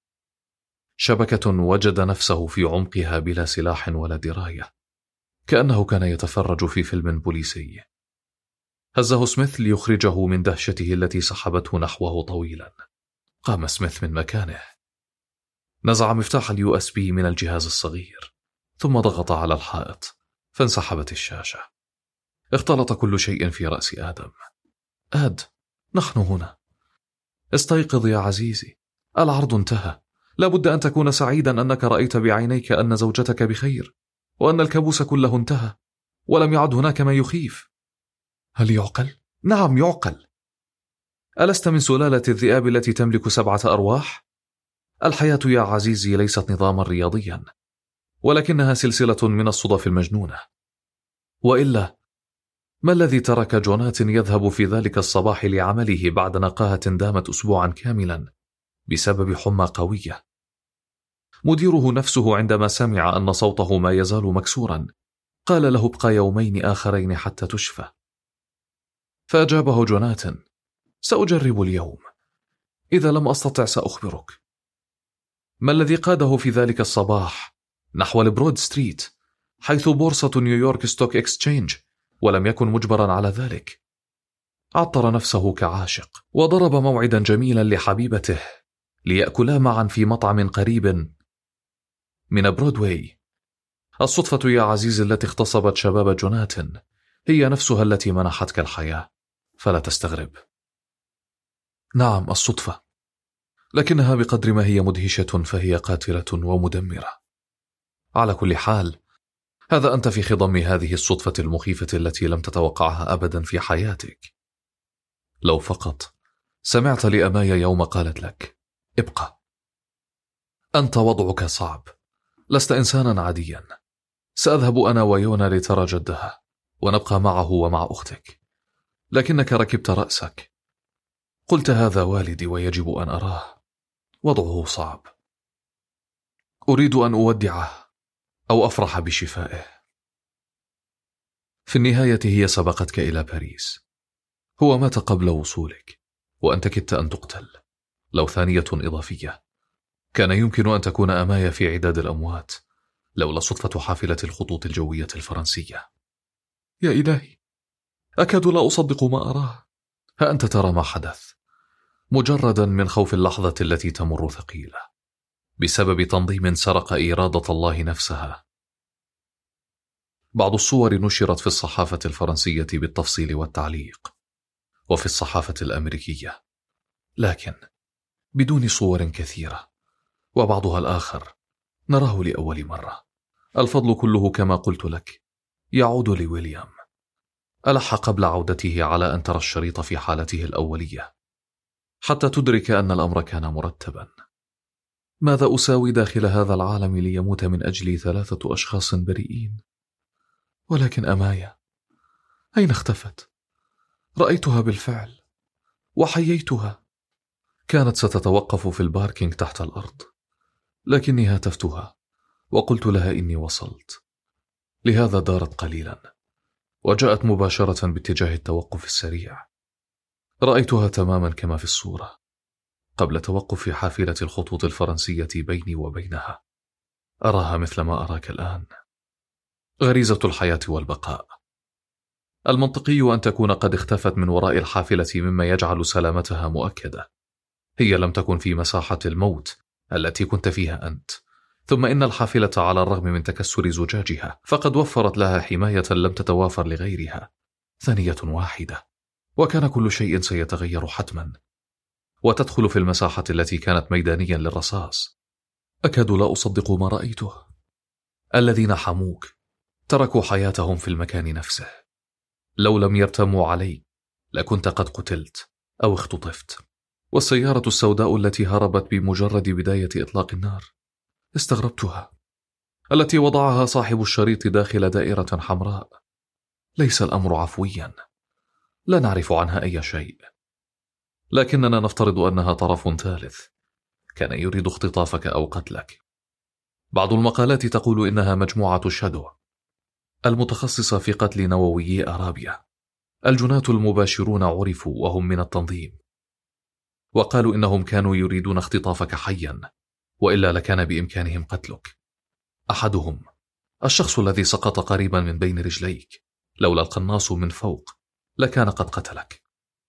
شبكة وجد نفسه في عمقها بلا سلاح ولا دراية، كأنه كان يتفرج في فيلم بوليسي. هزه سميث ليخرجه من دهشته التي سحبته نحوه طويلا. قام سميث من مكانه، نزع مفتاح اليو اس بي من الجهاز الصغير، ثم ضغط على الحائط فانسحبت الشاشة. اختلط كل شيء في رأس آدم. آد، نحن هنا. استيقظ يا عزيزي، العرض انتهى. لابد أن تكون سعيدا أنك رأيت بعينيك أن زوجتك بخير، وأن الكابوس كله انتهى ولم يعد هناك ما يخيف. هل يعقل؟ نعم يعقل. ألست من سلالة الذئاب التي تملك سبعة أرواح؟ الحياة يا عزيزي ليست نظاما رياضيا، ولكنها سلسلة من الصدف المجنونة. وإلا ما الذي ترك جونات يذهب في ذلك الصباح لعمله بعد نقاهة دامت أسبوعا كاملا بسبب حمى قوية؟ مديره نفسه عندما سمع أن صوته ما يزال مكسورا قال له ابقى يومين آخرين حتى تشفى. فأجابه جوناتان: سأجرب اليوم، إذا لم أستطع سأخبرك. ما الذي قاده في ذلك الصباح نحو البرود ستريت حيث بورصة نيويورك ستوك إكسشينج ولم يكن مجبرا على ذلك؟ عطر نفسه كعاشق وضرب موعدا جميلا لحبيبته ليأكلا معا في مطعم قريب من برودواي. الصدفة يا عزيزي التي اغتصبت شباب جوناتن هي نفسها التي منحتك الحياة، فلا تستغرب. نعم، الصدفة، لكنها بقدر ما هي مدهشة فهي قاتلة ومدمرة. على كل حال، هذا أنت في خضم هذه الصدفة المخيفة التي لم تتوقعها أبدا في حياتك. لو فقط سمعت لأمايا يوم قالت لك ابقى، أنت وضعك صعب، لست إنسانا عاديا، سأذهب أنا ويونا لترى جدها ونبقى معه ومع أختك، لكنك ركبت رأسك، قلت هذا والدي ويجب أن أراه، وضعه صعب، أريد أن أودعه أو أفرح بشفائه. في النهاية هي سبقتك إلى باريس، هو مات قبل وصولك وأنت كدت أن تقتل. لو ثانية إضافية، كان يمكن أن تكون أمايا في عداد الأموات لولا صدفة حافلة الخطوط الجوية الفرنسية. يا إلهي، أكاد لا أصدق ما أراه. ها أنت ترى ما حدث، مجردا من خوف اللحظة التي تمر ثقيلة بسبب تنظيم سرق إرادة الله نفسها. بعض الصور نشرت في الصحافة الفرنسية بالتفصيل والتعليق، وفي الصحافة الأمريكية، لكن بدون صور كثيرة، وبعضها الآخر نراه لأول مرة. الفضل كله كما قلت لك يعود لويليام. ألح قبل عودته على أن ترى الشريط في حالته الأولية حتى تدرك أن الأمر كان مرتبا. ماذا أساوي داخل هذا العالم ليموت من أجلي ثلاثة أشخاص بريئين؟ ولكن أمايا أين اختفت؟ رأيتها بالفعل وحييتها، كانت ستتوقف في الباركينج تحت الأرض، لكني هاتفتها وقلت لها إني وصلت، لهذا دارت قليلا وجاءت مباشرة باتجاه التوقف السريع. رأيتها تماما كما في الصورة قبل توقف حافلة الخطوط الفرنسية بيني وبينها. أراها مثل ما أراك الآن، غريزة الحياة والبقاء. المنطقي أن تكون قد اختفت من وراء الحافلة مما يجعل سلامتها مؤكدة. هي لم تكن في مساحة الموت التي كنت فيها أنت، ثم إن الحافلة على الرغم من تكسر زجاجها فقد وفرت لها حماية لم تتوافر لغيرها. ثانية واحدة وكان كل شيء سيتغير حتما، وتدخل في المساحة التي كانت ميدانيا للرصاص. أكاد لا أصدق ما رأيته. الذين حموك تركوا حياتهم في المكان نفسه. لو لم يرتموا عليك لكنت قد قتلت أو اختطفت. والسيارة السوداء التي هربت بمجرد بداية إطلاق النار استغربتها، التي وضعها صاحب الشريط داخل دائرة حمراء. ليس الأمر عفويا، لا نعرف عنها أي شيء، لكننا نفترض أنها طرف ثالث كان يريد اختطافك أو قتلك. بعض المقالات تقول إنها مجموعة شادو المتخصصة في قتل نوويي أرابيا. الجنات المباشرون عرفوا وهم من التنظيم، وقالوا إنهم كانوا يريدون اختطافك حيا، وإلا لكان بإمكانهم قتلك. أحدهم الشخص الذي سقط قريبا من بين رجليك، لولا القناص من فوق لكان قد قتلك.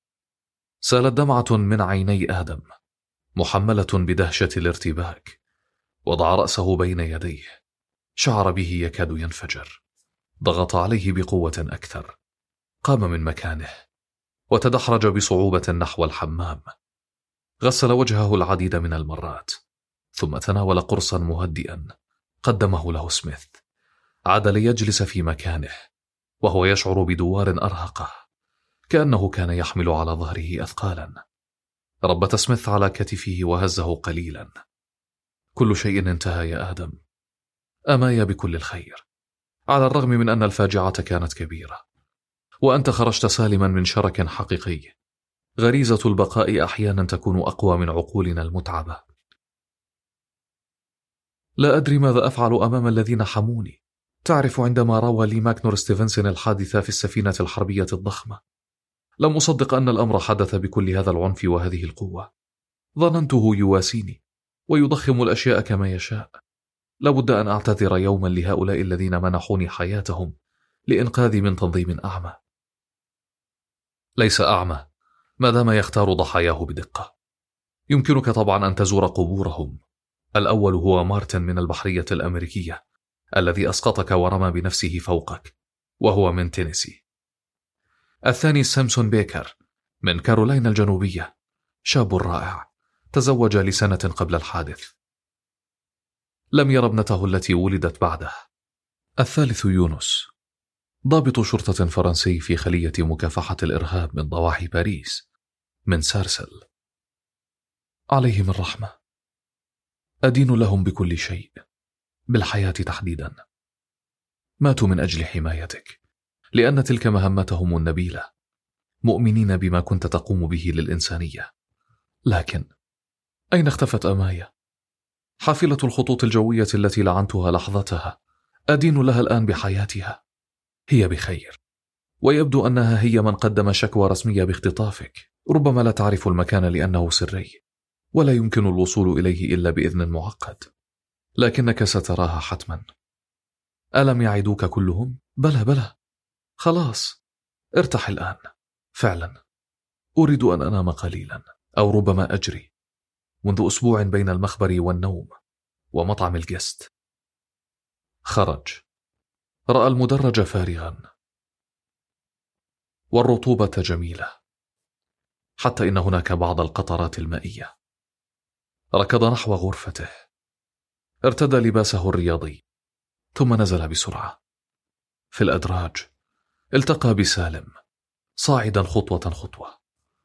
سالت دمعة من عيني آدم محملة بدهشة الارتباك. وضع رأسه بين يديه، شعر به يكاد ينفجر. ضغط عليه بقوة أكثر، قام من مكانه وتدحرج بصعوبة نحو الحمام. غسل وجهه العديد من المرات، ثم تناول قرصا مهدئا قدمه له سميث. عاد ليجلس في مكانه وهو يشعر بدوار أرهقه، كأنه كان يحمل على ظهره أثقالا. ربت سميث على كتفه وهزه قليلا. كل شيء انتهى يا آدم. أمايا بكل الخير، على الرغم من أن الفاجعة كانت كبيرة، وأنت خرجت سالما من شرك حقيقي. غريزة البقاء أحيانا تكون أقوى من عقولنا المتعبة. لا أدري ماذا أفعل أمام الذين حموني. تعرف، عندما روى لي ماكنور ستيفنسون الحادثة في السفينة الحربية الضخمة، لم أصدق أن الأمر حدث بكل هذا العنف وهذه القوة. ظننته يواسيني ويضخم الأشياء كما يشاء. لابد أن أعتذر يوما لهؤلاء الذين منحوني حياتهم لإنقاذي من تنظيم أعمى. ليس أعمى ما دام يختار ضحاياه بدقة. يمكنك طبعا أن تزور قبورهم. الأول هو مارتن من البحرية الأمريكية الذي أسقطك ورمى بنفسه فوقك، وهو من تينيسي. الثاني سامسون بيكر من كارولاينا الجنوبية، شاب رائع تزوج لسنة قبل الحادث، لم ير ابنته التي ولدت بعده. الثالث يونس، ضابط شرطة فرنسي في خلية مكافحة الإرهاب من ضواحي باريس، من سارسل. عليهم الرحمة، أدين لهم بكل شيء، بالحياة تحديدا. ماتوا من أجل حمايتك، لأن تلك مهمتهم النبيلة، مؤمنين بما كنت تقوم به للإنسانية. لكن أين اختفت أمايا؟ حافلة الخطوط الجوية التي لعنتها لحظتها، أدين لها الآن بحياتها. هي بخير، ويبدو أنها هي من قدم شكوى رسمية باختطافك. ربما لا تعرف المكان لأنه سري، ولا يمكن الوصول إليه إلا بإذن معقد، لكنك ستراها حتما. ألم يعدوك كلهم؟ بلى بلى، خلاص ارتاح الآن. فعلا أريد أن أنام قليلا، أو ربما أجري. منذ أسبوع بين المخبر والنوم ومطعم الجست. خرج، رأى المدرج فارغا والرطوبة جميلة، حتى إن هناك بعض القطرات المائية. ركض نحو غرفته، ارتدى لباسه الرياضي، ثم نزل بسرعة. في الأدراج التقى بسالم صاعدا خطوة خطوة.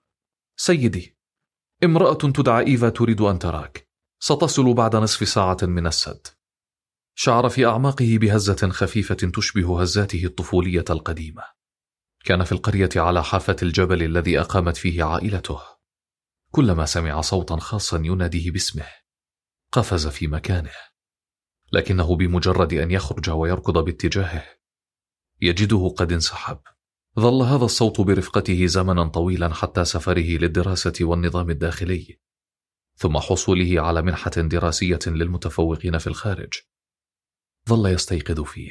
سيدي، امرأة تدعى إيفا تريد أن تراك، ستصل بعد نصف ساعة من السد. شعر في أعماقه بهزة خفيفة تشبه هزاته الطفولية القديمة. كان في القرية على حافة الجبل الذي أقامت فيه عائلته. كلما سمع صوتا خاصا يناديه باسمه قفز في مكانه، لكنه بمجرد أن يخرج ويركض باتجاهه يجده قد انسحب. ظل هذا الصوت برفقته زمنا طويلا حتى سفره للدراسة والنظام الداخلي، ثم حصوله على منحة دراسية للمتفوقين في الخارج. ظل يستيقظ فيه.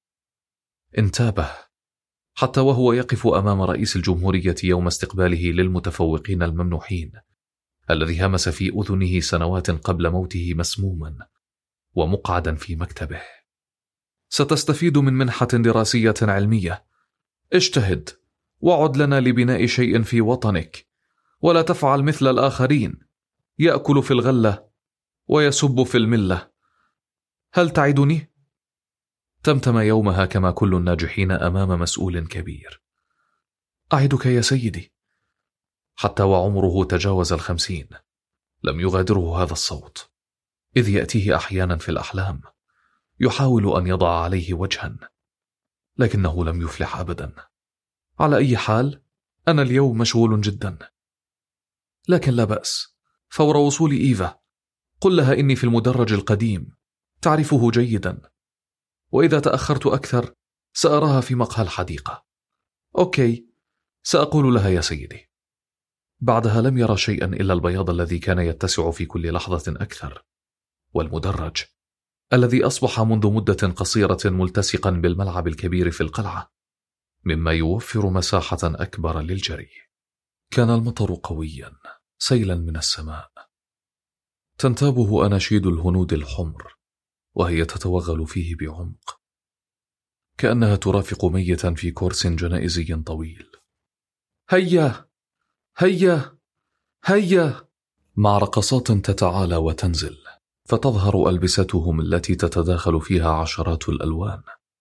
انتابه حتى وهو يقف أمام رئيس الجمهورية يوم استقباله للمتفوقين الممنوحين، الذي همس في أذنه سنوات قبل موته مسموما ومقعدا في مكتبه. ستستفيد من منحة دراسية علمية. اجتهد وعد لنا لبناء شيء في وطنك، ولا تفعل مثل الآخرين، يأكل في الغلة ويسب في الملة. هل تعدني؟ تمتم يومها كما كل الناجحين أمام مسؤول كبير. أعدك يا سيدي. حتى وعمره تجاوز الخمسين لم يغادره هذا الصوت، إذ يأتيه أحيانا في الأحلام يحاول أن يضع عليه وجها، لكنه لم يفلح أبدا. على أي حال، أنا اليوم مشغول جدا، لكن لا بأس. فور وصول إيفا قل لها إني في المدرج القديم، تعرفه جيدا، وإذا تأخرت أكثر سأراها في مقهى الحديقة. أوكي، سأقول لها يا سيدي. بعدها لم يرى شيئا إلا البياض الذي كان يتسع في كل لحظة أكثر، والمدرج الذي أصبح منذ مدة قصيرة ملتصقا بالملعب الكبير في القلعة، مما يوفر مساحة أكبر للجري. كان المطر قويا سيلا من السماء، تنتابه أناشيد الهنود الحمر وهي تتوغل فيه بعمق، كأنها ترافق ميتا في كورس جنائزي طويل. هيا هيا هيا، مع رقصات تتعالى وتنزل، فتظهر ألبستهم التي تتداخل فيها عشرات الألوان.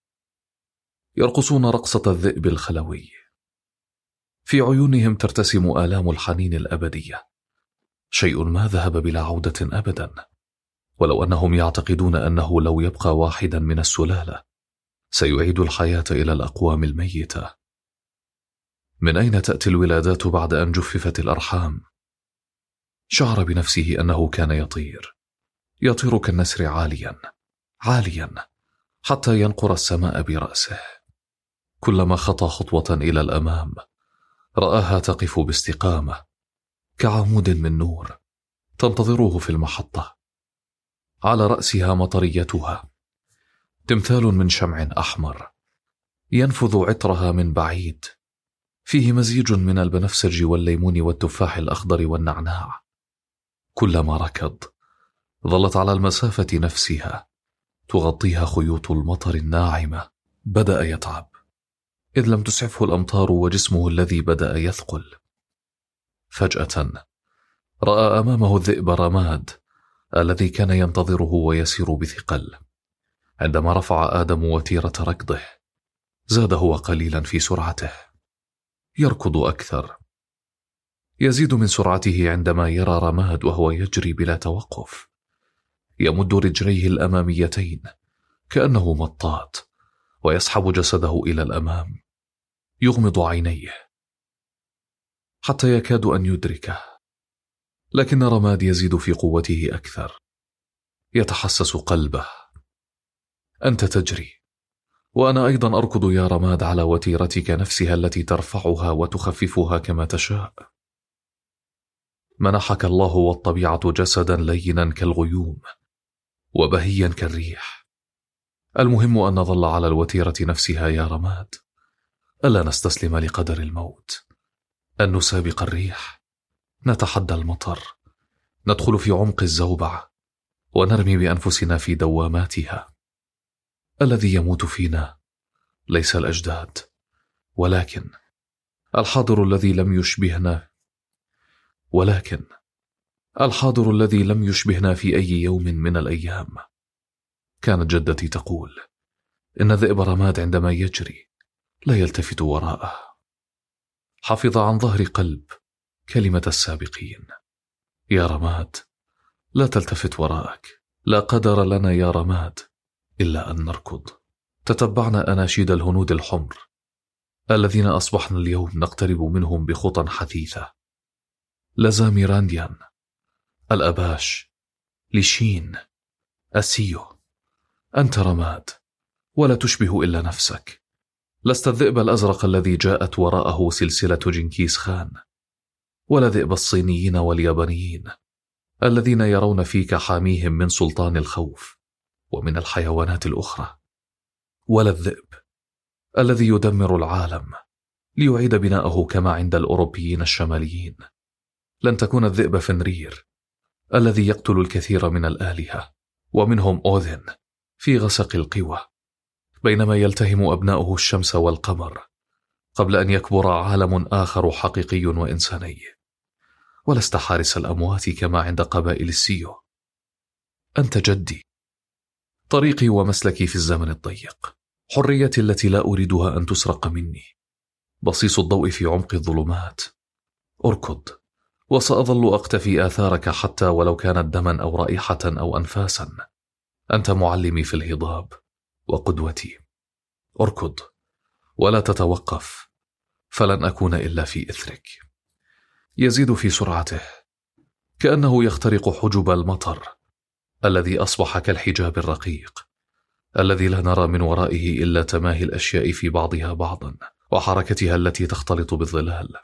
يرقصون رقصة الذئب الخلوي، في عيونهم ترتسم آلام الحنين الأبدية، شيء ما ذهب بلا عودة أبدا، ولو أنهم يعتقدون أنه لو يبقى واحدا من السلالة سيعيد الحياة إلى الأقوام الميتة. من أين تأتي الولادات بعد أن جففت الأرحام؟ شعر بنفسه أنه كان يطير، يطير كالنسر عاليا عاليا حتى ينقر السماء برأسه. كلما خطى خطوة إلى الأمام رآها تقف باستقامة كعمود من نور تنتظره في المحطة. على رأسها مطريتها، تمثال من شمع أحمر ينفذ عطرها من بعيد فيه مزيج من البنفسج والليمون والتفاح الأخضر والنعناع. كلما ركض ظلت على المسافة نفسها تغطيها خيوط المطر الناعمة. بدأ يتعب إذ لم تسعفه الأمطار وجسمه الذي بدأ يثقل. فجأة رأى أمامه الذئب رماد الذي كان ينتظره ويسير بثقل. عندما رفع آدم وتيرة ركضه زاد هو قليلا في سرعته، يركض أكثر، يزيد من سرعته عندما يرى رماد وهو يجري بلا توقف، يمد رجليه الأماميتين كأنه مطاط ويسحب جسده إلى الأمام، يغمض عينيه حتى يكاد أن يدركه، لكن رماد يزيد في قوته أكثر، يتحسس قلبه. أنت تجري وأنا أيضا أركض يا رماد على وتيرتك نفسها التي ترفعها وتخففها كما تشاء. منحك الله والطبيعة جسدا لينا كالغيوم وبهيا كالريح. المهم أن نظل على الوتيرة نفسها يا رماد، ألا نستسلم لقدر الموت، أن نسابق الريح، نتحدى المطر، ندخل في عمق الزوبعة ونرمي بأنفسنا في دواماتها. الذي يموت فينا ليس الأجداد ولكن الحاضر الذي لم يشبهنا ولكن الحاضر الذي لم يشبهنا في أي يوم من الأيام. كانت جدتي تقول إن ذئب رماد عندما يجري لا يلتفت وراءه. حفظ عن ظهر قلب كلمة السابقين: يا رماد لا تلتفت وراءك، لا قدر لنا يا رماد إلا أن نركض. تتبعنا أناشيد الهنود الحمر الذين أصبحنا اليوم نقترب منهم بخطى حثيثة: لزاميرانديان، الأباش، لشين، أسيو. أنت رماد ولا تشبه إلا نفسك، لست الذئب الأزرق الذي جاءت وراءه سلسلة جنكيز خان، ولا ذئب الصينيين واليابانيين الذين يرون فيك حاميهم من سلطان الخوف ومن الحيوانات الأخرى، ولا الذئب الذي يدمر العالم ليعيد بناءه كما عند الأوروبيين الشماليين. لن تكون الذئب فنرير الذي يقتل الكثير من الآلهة ومنهم أوذن في غسق القوى، بينما يلتهم أبناؤه الشمس والقمر قبل أن يكبر عالم آخر حقيقي وإنساني. ولست حارس الأموات كما عند قبائل السيو. أنت جدي، طريقي ومسلكي في الزمن الضيق، حريتي التي لا أريدها أن تسرق مني، بصيص الضوء في عمق الظلمات. أركض وسأظل أقتفي آثارك حتى ولو كانت دما أو رائحة أو أنفاسا. أنت معلمي في الهضاب وقدوتي. أركض ولا تتوقف، فلن أكون إلا في إثرك. يزيد في سرعته كأنه يخترق حجب المطر الذي أصبح كالحجاب الرقيق الذي لا نرى من ورائه إلا تماهي الأشياء في بعضها بعضا وحركتها التي تختلط بالظلال.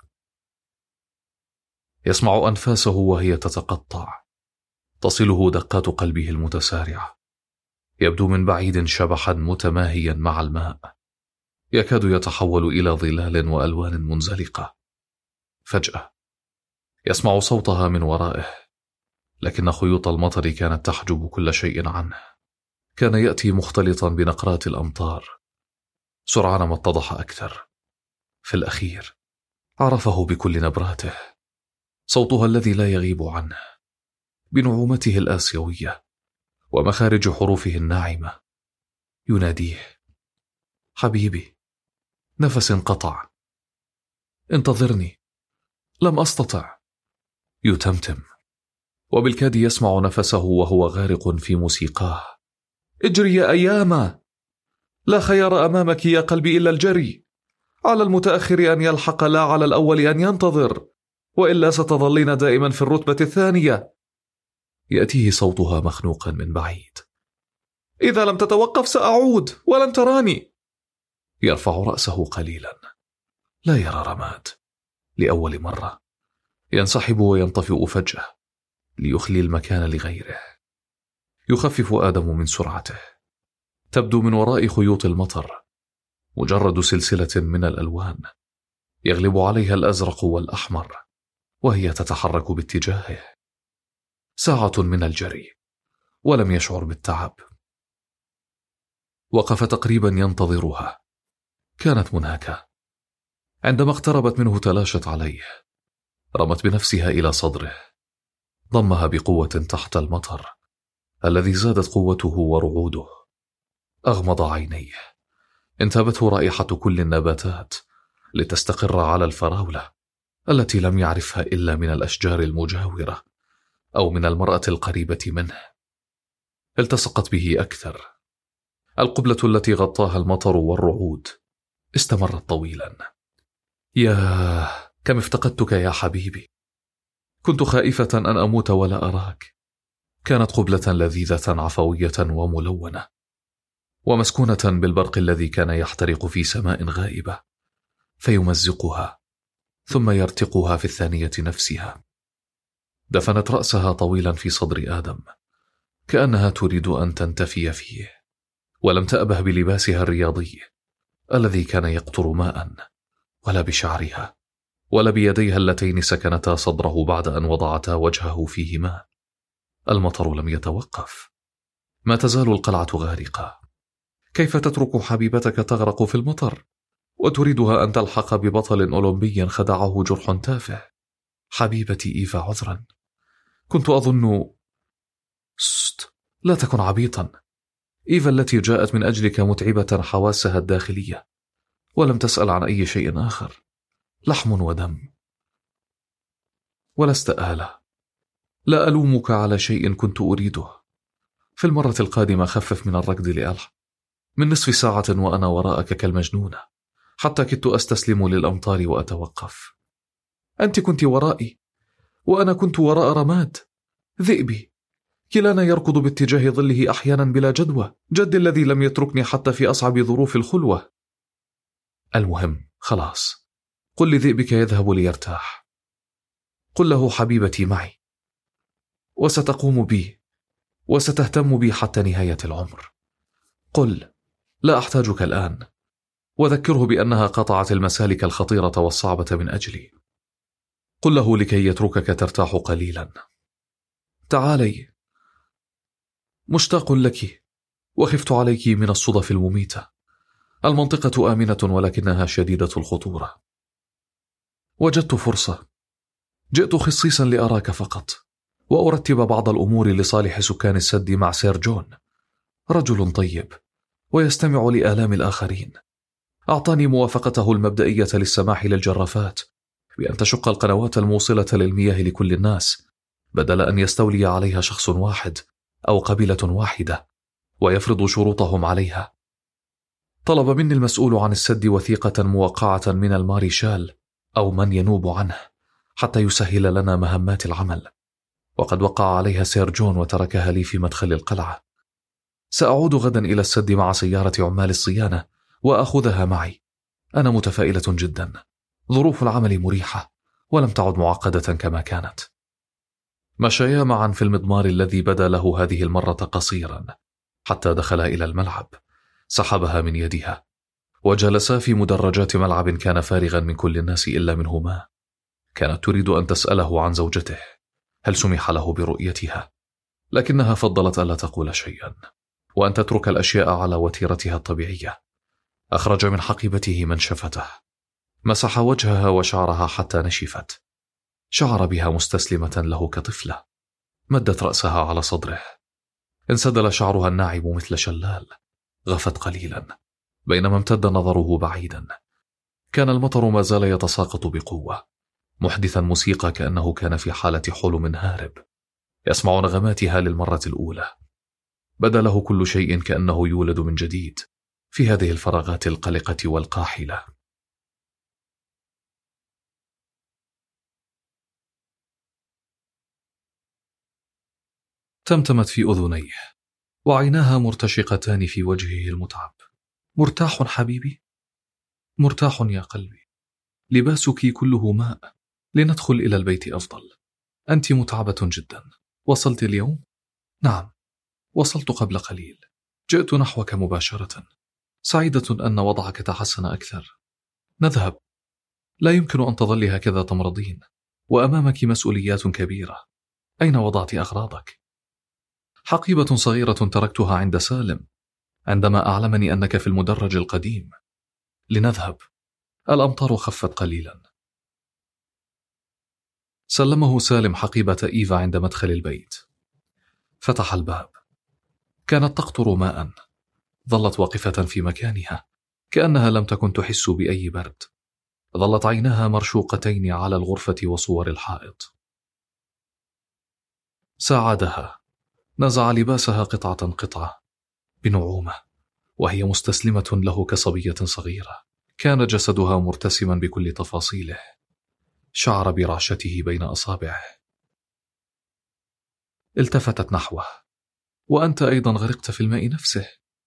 يسمع أنفاسه وهي تتقطع، تصله دقات قلبه المتسارعة. يبدو من بعيد شبحا متماهيا مع الماء، يكاد يتحول إلى ظلال وألوان منزلقة. فجأة يسمع صوتها من ورائه، لكن خيوط المطر كانت تحجب كل شيء عنه. كان يأتي مختلطا بنقرات الأمطار. سرعان ما اتضح أكثر. في الأخير عرفه بكل نبراته، صوتها الذي لا يغيب عنه، بنعومته الآسيوية ومخارج حروفه الناعمة. يناديه: حبيبي، نفس انقطع، انتظرني، لم أستطع. يتمتم، وبالكاد يسمع نفسه وهو غارق في موسيقاه: اجري يا أياما، لا خيار أمامك يا قلبي إلا الجري، على المتأخر أن يلحق، لا على الأول أن ينتظر، وإلا ستظلين دائما في الرتبة الثانية. يأتيه صوتها مخنوقا من بعيد: إذا لم تتوقف سأعود ولن تراني. يرفع رأسه قليلا، لا يرى رماد لأول مرة. ينسحب وينطفئ فجأة ليخلي المكان لغيره. يخفف آدم من سرعته. تبدو من وراء خيوط المطر مجرد سلسلة من الألوان يغلب عليها الأزرق والأحمر، وهي تتحرك باتجاهه. ساعة من الجري، ولم يشعر بالتعب. وقف تقريبا ينتظرها. كانت منهكة. عندما اقتربت منه تلاشت عليه. رمت بنفسها إلى صدره، ضمها بقوة تحت المطر الذي زادت قوته ورعوده. أغمض عينيه. انتابته رائحة كل النباتات لتستقر على الفراولة التي لم يعرفها إلا من الأشجار المجاورة أو من المرأة القريبة منه. التصقت به أكثر. القبلة التي غطاها المطر والرعود استمرت طويلا. ياه، كم افتقدتك يا حبيبي. كنت خائفة أن أموت ولا أراك. كانت قبلة لذيذة عفوية وملونة، ومسكونة بالبرق الذي كان يحترق في سماء غائبة، فيمزقها ثم يرتقها في الثانية نفسها. دفنت رأسها طويلا في صدر آدم، كأنها تريد أن تنتفي فيه، ولم تأبه بلباسها الرياضي الذي كان يقطر ماء، ولا بشعرها، ولا بيديها اللتين سكنتا صدره بعد أن وضعتا وجهه فيهما. المطر لم يتوقف. ما تزال القلعة غارقة. كيف تترك حبيبتك تغرق في المطر وتريدها أن تلحق ببطل أولمبي خدعه جرح تافه؟ حبيبتي إيفا، عذرا. كنت أظن... ست لا تكن عبيطا. إيفا التي جاءت من أجلك متعبة حواسها الداخلية، ولم تسأل عن أي شيء آخر. لحم ودم، ولست آلة. لا ألومك على شيء كنت أريده. في المرة القادمة خفف من الركض لألح. من نصف ساعة وأنا وراءك كالمجنونة، حتى كدت أستسلم للأمطار وأتوقف. أنت كنت ورائي، وأنا كنت وراء رماد ذئبي، كلانا يركض باتجاه ظله أحيانا بلا جدوى. جدي الذي لم يتركني حتى في أصعب ظروف الخلوة. المهم، خلاص، قل لذئبك يذهب ليرتاح. قل له حبيبتي معي، وستقوم بي وستهتم بي حتى نهاية العمر. قل لا أحتاجك الآن، وذكره بأنها قطعت المسالك الخطيرة والصعبة من أجلي. قل له لكي يتركك ترتاح قليلا. تعالي، مشتاق لك، وخفت عليك من الصدف المميتة. المنطقة آمنة ولكنها شديدة الخطورة. وجدت فرصة. جئت خصيصا لأراك فقط، وأرتب بعض الأمور لصالح سكان السد مع سير جون. رجل طيب ويستمع لآلام الآخرين. أعطاني موافقته المبدئية للسماح للجرافات بأن تشق القنوات الموصلة للمياه لكل الناس، بدل أن يستولي عليها شخص واحد أو قبيلة واحدة ويفرض شروطهم عليها. طلب مني المسؤول عن السد وثيقة موقعة من الماريشال أو من ينوب عنه حتى يسهل لنا مهمات العمل، وقد وقع عليها سير جون وتركها لي في مدخل القلعة. سأعود غدا إلى السد مع سيارة عمال الصيانة وأخذها معي. أنا متفائلة جدا. ظروف العمل مريحة ولم تعد معقدة كما كانت. مشيا معا في المضمار الذي بدا له هذه المرة قصيرا حتى دخلا إلى الملعب. سحبها من يدها وجلسا في مدرجات ملعب كان فارغا من كل الناس إلا منهما. كانت تريد أن تسأله عن زوجته، هل سمح له برؤيتها، لكنها فضلت ألا تقول شيئا وأن تترك الأشياء على وتيرتها الطبيعية. أخرج من حقيبته منشفته، مسح وجهها وشعرها حتى نشفت. شعر بها مستسلمة له كطفلة. مدت رأسها على صدره. انسدل شعرها الناعم مثل شلال. غفت قليلا بينما امتد نظره بعيدا. كان المطر ما زال يتساقط بقوة، محدثا موسيقى كأنه كان في حالة حلم هارب، يسمع نغماتها للمرة الأولى. بدا له كل شيء كأنه يولد من جديد في هذه الفراغات القلقة والقاحلة. تمتمت في أذنيه وعيناها مرتشقتان في وجهه المتعب. مرتاح حبيبي؟ مرتاح يا قلبي. لباسك كله ماء. لندخل إلى البيت أفضل. أنت متعبة جدا. وصلت اليوم؟ نعم، وصلت قبل قليل. جئت نحوك مباشرة. سعيدة أن وضعك تحسن أكثر. نذهب. لا يمكن أن تظلي هكذا تمرضين، وأمامك مسؤوليات كبيرة. أين وضعت أغراضك؟ حقيبة صغيرة تركتها عند سالم عندما أعلمني أنك في المدرج القديم. لنذهب، الأمطار خفت قليلا. سلمه سالم حقيبة إيفا عند مدخل البيت. فتح الباب. كانت تقطر ماء. ظلت واقفة في مكانها كأنها لم تكن تحس بأي برد. ظلت عيناها مرشوقتين على الغرفة وصور الحائط. ساعدها. نزع لباسها قطعة قطعة بنعومة وهي مستسلمة له كصبية صغيرة. كان جسدها مرتسما بكل تفاصيله. شعر برعشته بين أصابعه. التفتت نحوه. وأنت أيضا غرقت في الماء نفسه.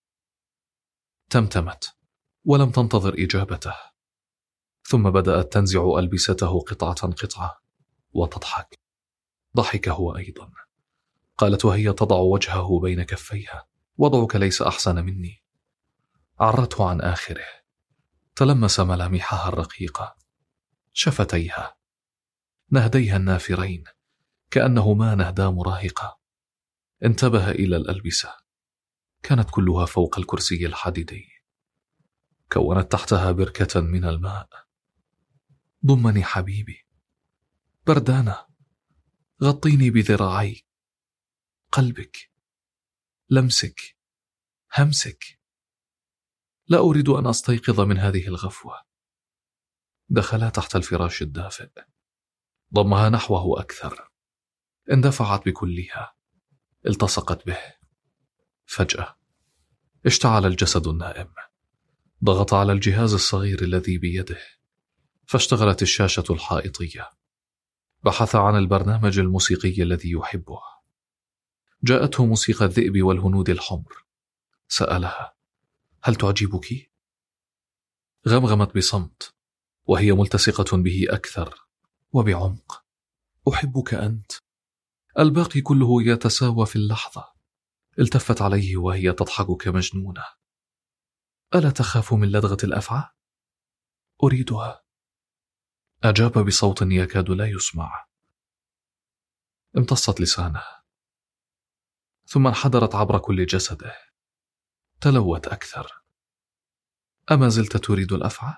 تمتمت ولم تنتظر إجابته. ثم بدأت تنزع ألبسته قطعة قطعة وتضحك. ضحك هو أيضا. قالت وهي تضع وجهه بين كفيها: وضعك ليس أحسن مني. عرته عن آخره. تلمس ملامحها الرقيقة، شفتيها، نهديها النافرين كأنهما نهدا مراهقة. انتبه إلى الألبسة. كانت كلها فوق الكرسي الحديدي. كونت تحتها بركة من الماء. ضمني حبيبي. بردانة. غطيني بذراعيك. قلبك. لمسك. همسك. لا أريد أن أستيقظ من هذه الغفوة. دخلا تحت الفراش الدافئ. ضمها نحوه أكثر. اندفعت بكلها. التصقت به. فجأة اشتعل الجسد النائم. ضغط على الجهاز الصغير الذي بيده، فاشتغلت الشاشة الحائطية. بحث عن البرنامج الموسيقي الذي يحبه. جاءته موسيقى الذئب والهنود الحمر. سألها: هل تعجبك؟ غمغمت بصمت وهي ملتصقة به أكثر وبعمق. أحبك أنت. الباقي كله يتساوى في اللحظة. التفت عليه وهي تضحك كمجنونة. ألا تخاف من لدغة الأفعى؟ أريدها. أجاب بصوت يكاد لا يسمع. امتصت لسانه، ثم انحدرت عبر كل جسده. تلوت أكثر. أما زلت تريد الأفعى؟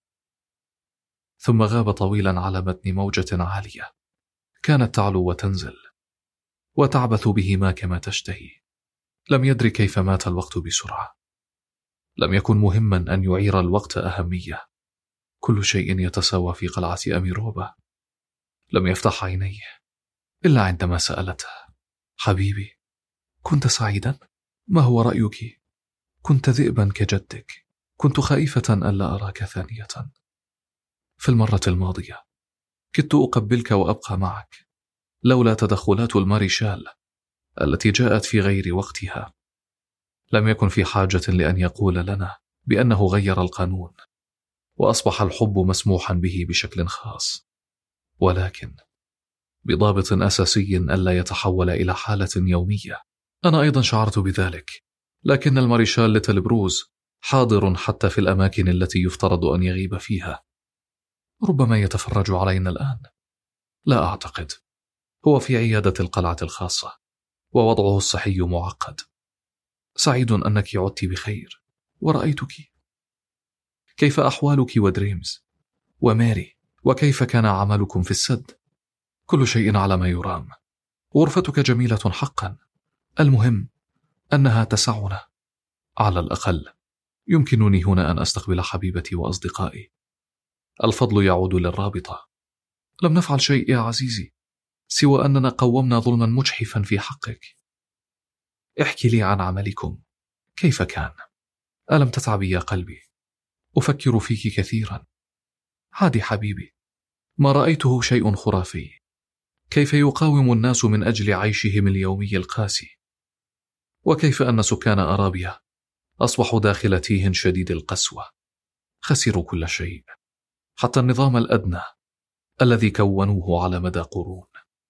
ثم غاب طويلا على متن موجة عالية كانت تعلو وتنزل وتعبث بهما كما تشتهي. لم يدري كيف مات الوقت بسرعة. لم يكن مهما أن يعير الوقت أهمية. كل شيء يتساوى في قلعة أميروبا. لم يفتح عينيه إلا عندما سألته: حبيبي، كنت سعيدا؟ ما هو رأيك؟ كنت ذئبا كجدك. كنت خائفة ألا أراك ثانية. في المرة الماضية كدت أقبلك وأبقى معك لولا تدخلات الماريشال التي جاءت في غير وقتها. لم يكن في حاجة لأن يقول لنا بأنه غير القانون وأصبح الحب مسموحا به بشكل خاص، ولكن بضابط أساسي ألا يتحول إلى حالة يومية. أنا أيضا شعرت بذلك، لكن الماريشال ليتل بروز حاضر حتى في الأماكن التي يفترض أن يغيب فيها. ربما يتفرج علينا الآن. لا أعتقد. هو في عيادة القلعة الخاصة ووضعه الصحي معقد. سعيد أنك عدت بخير ورأيتك. كيف أحوالك ودريمز وماري؟ وكيف كان عملكم في السد؟ كل شيء على ما يرام. غرفتك جميلة حقا. المهم أنها تسعنا. على الأقل يمكنني هنا أن أستقبل حبيبتي وأصدقائي. الفضل يعود للرابطة. لم نفعل شيء يا عزيزي سوى أننا قومنا ظلما مجحفا في حقك. احكي لي عن عملكم. كيف كان؟ ألم تتعبي يا قلبي؟ أفكر فيك كثيرا. عادي حبيبي، ما رأيته شيء خرافي. كيف يقاوم الناس من أجل عيشهم اليومي القاسي، وكيف أن سكان أرابيا أصبحوا داخل تيه شديد القسوة. خسروا كل شيء، حتى النظام الأدنى الذي كونوه على مدى قرون.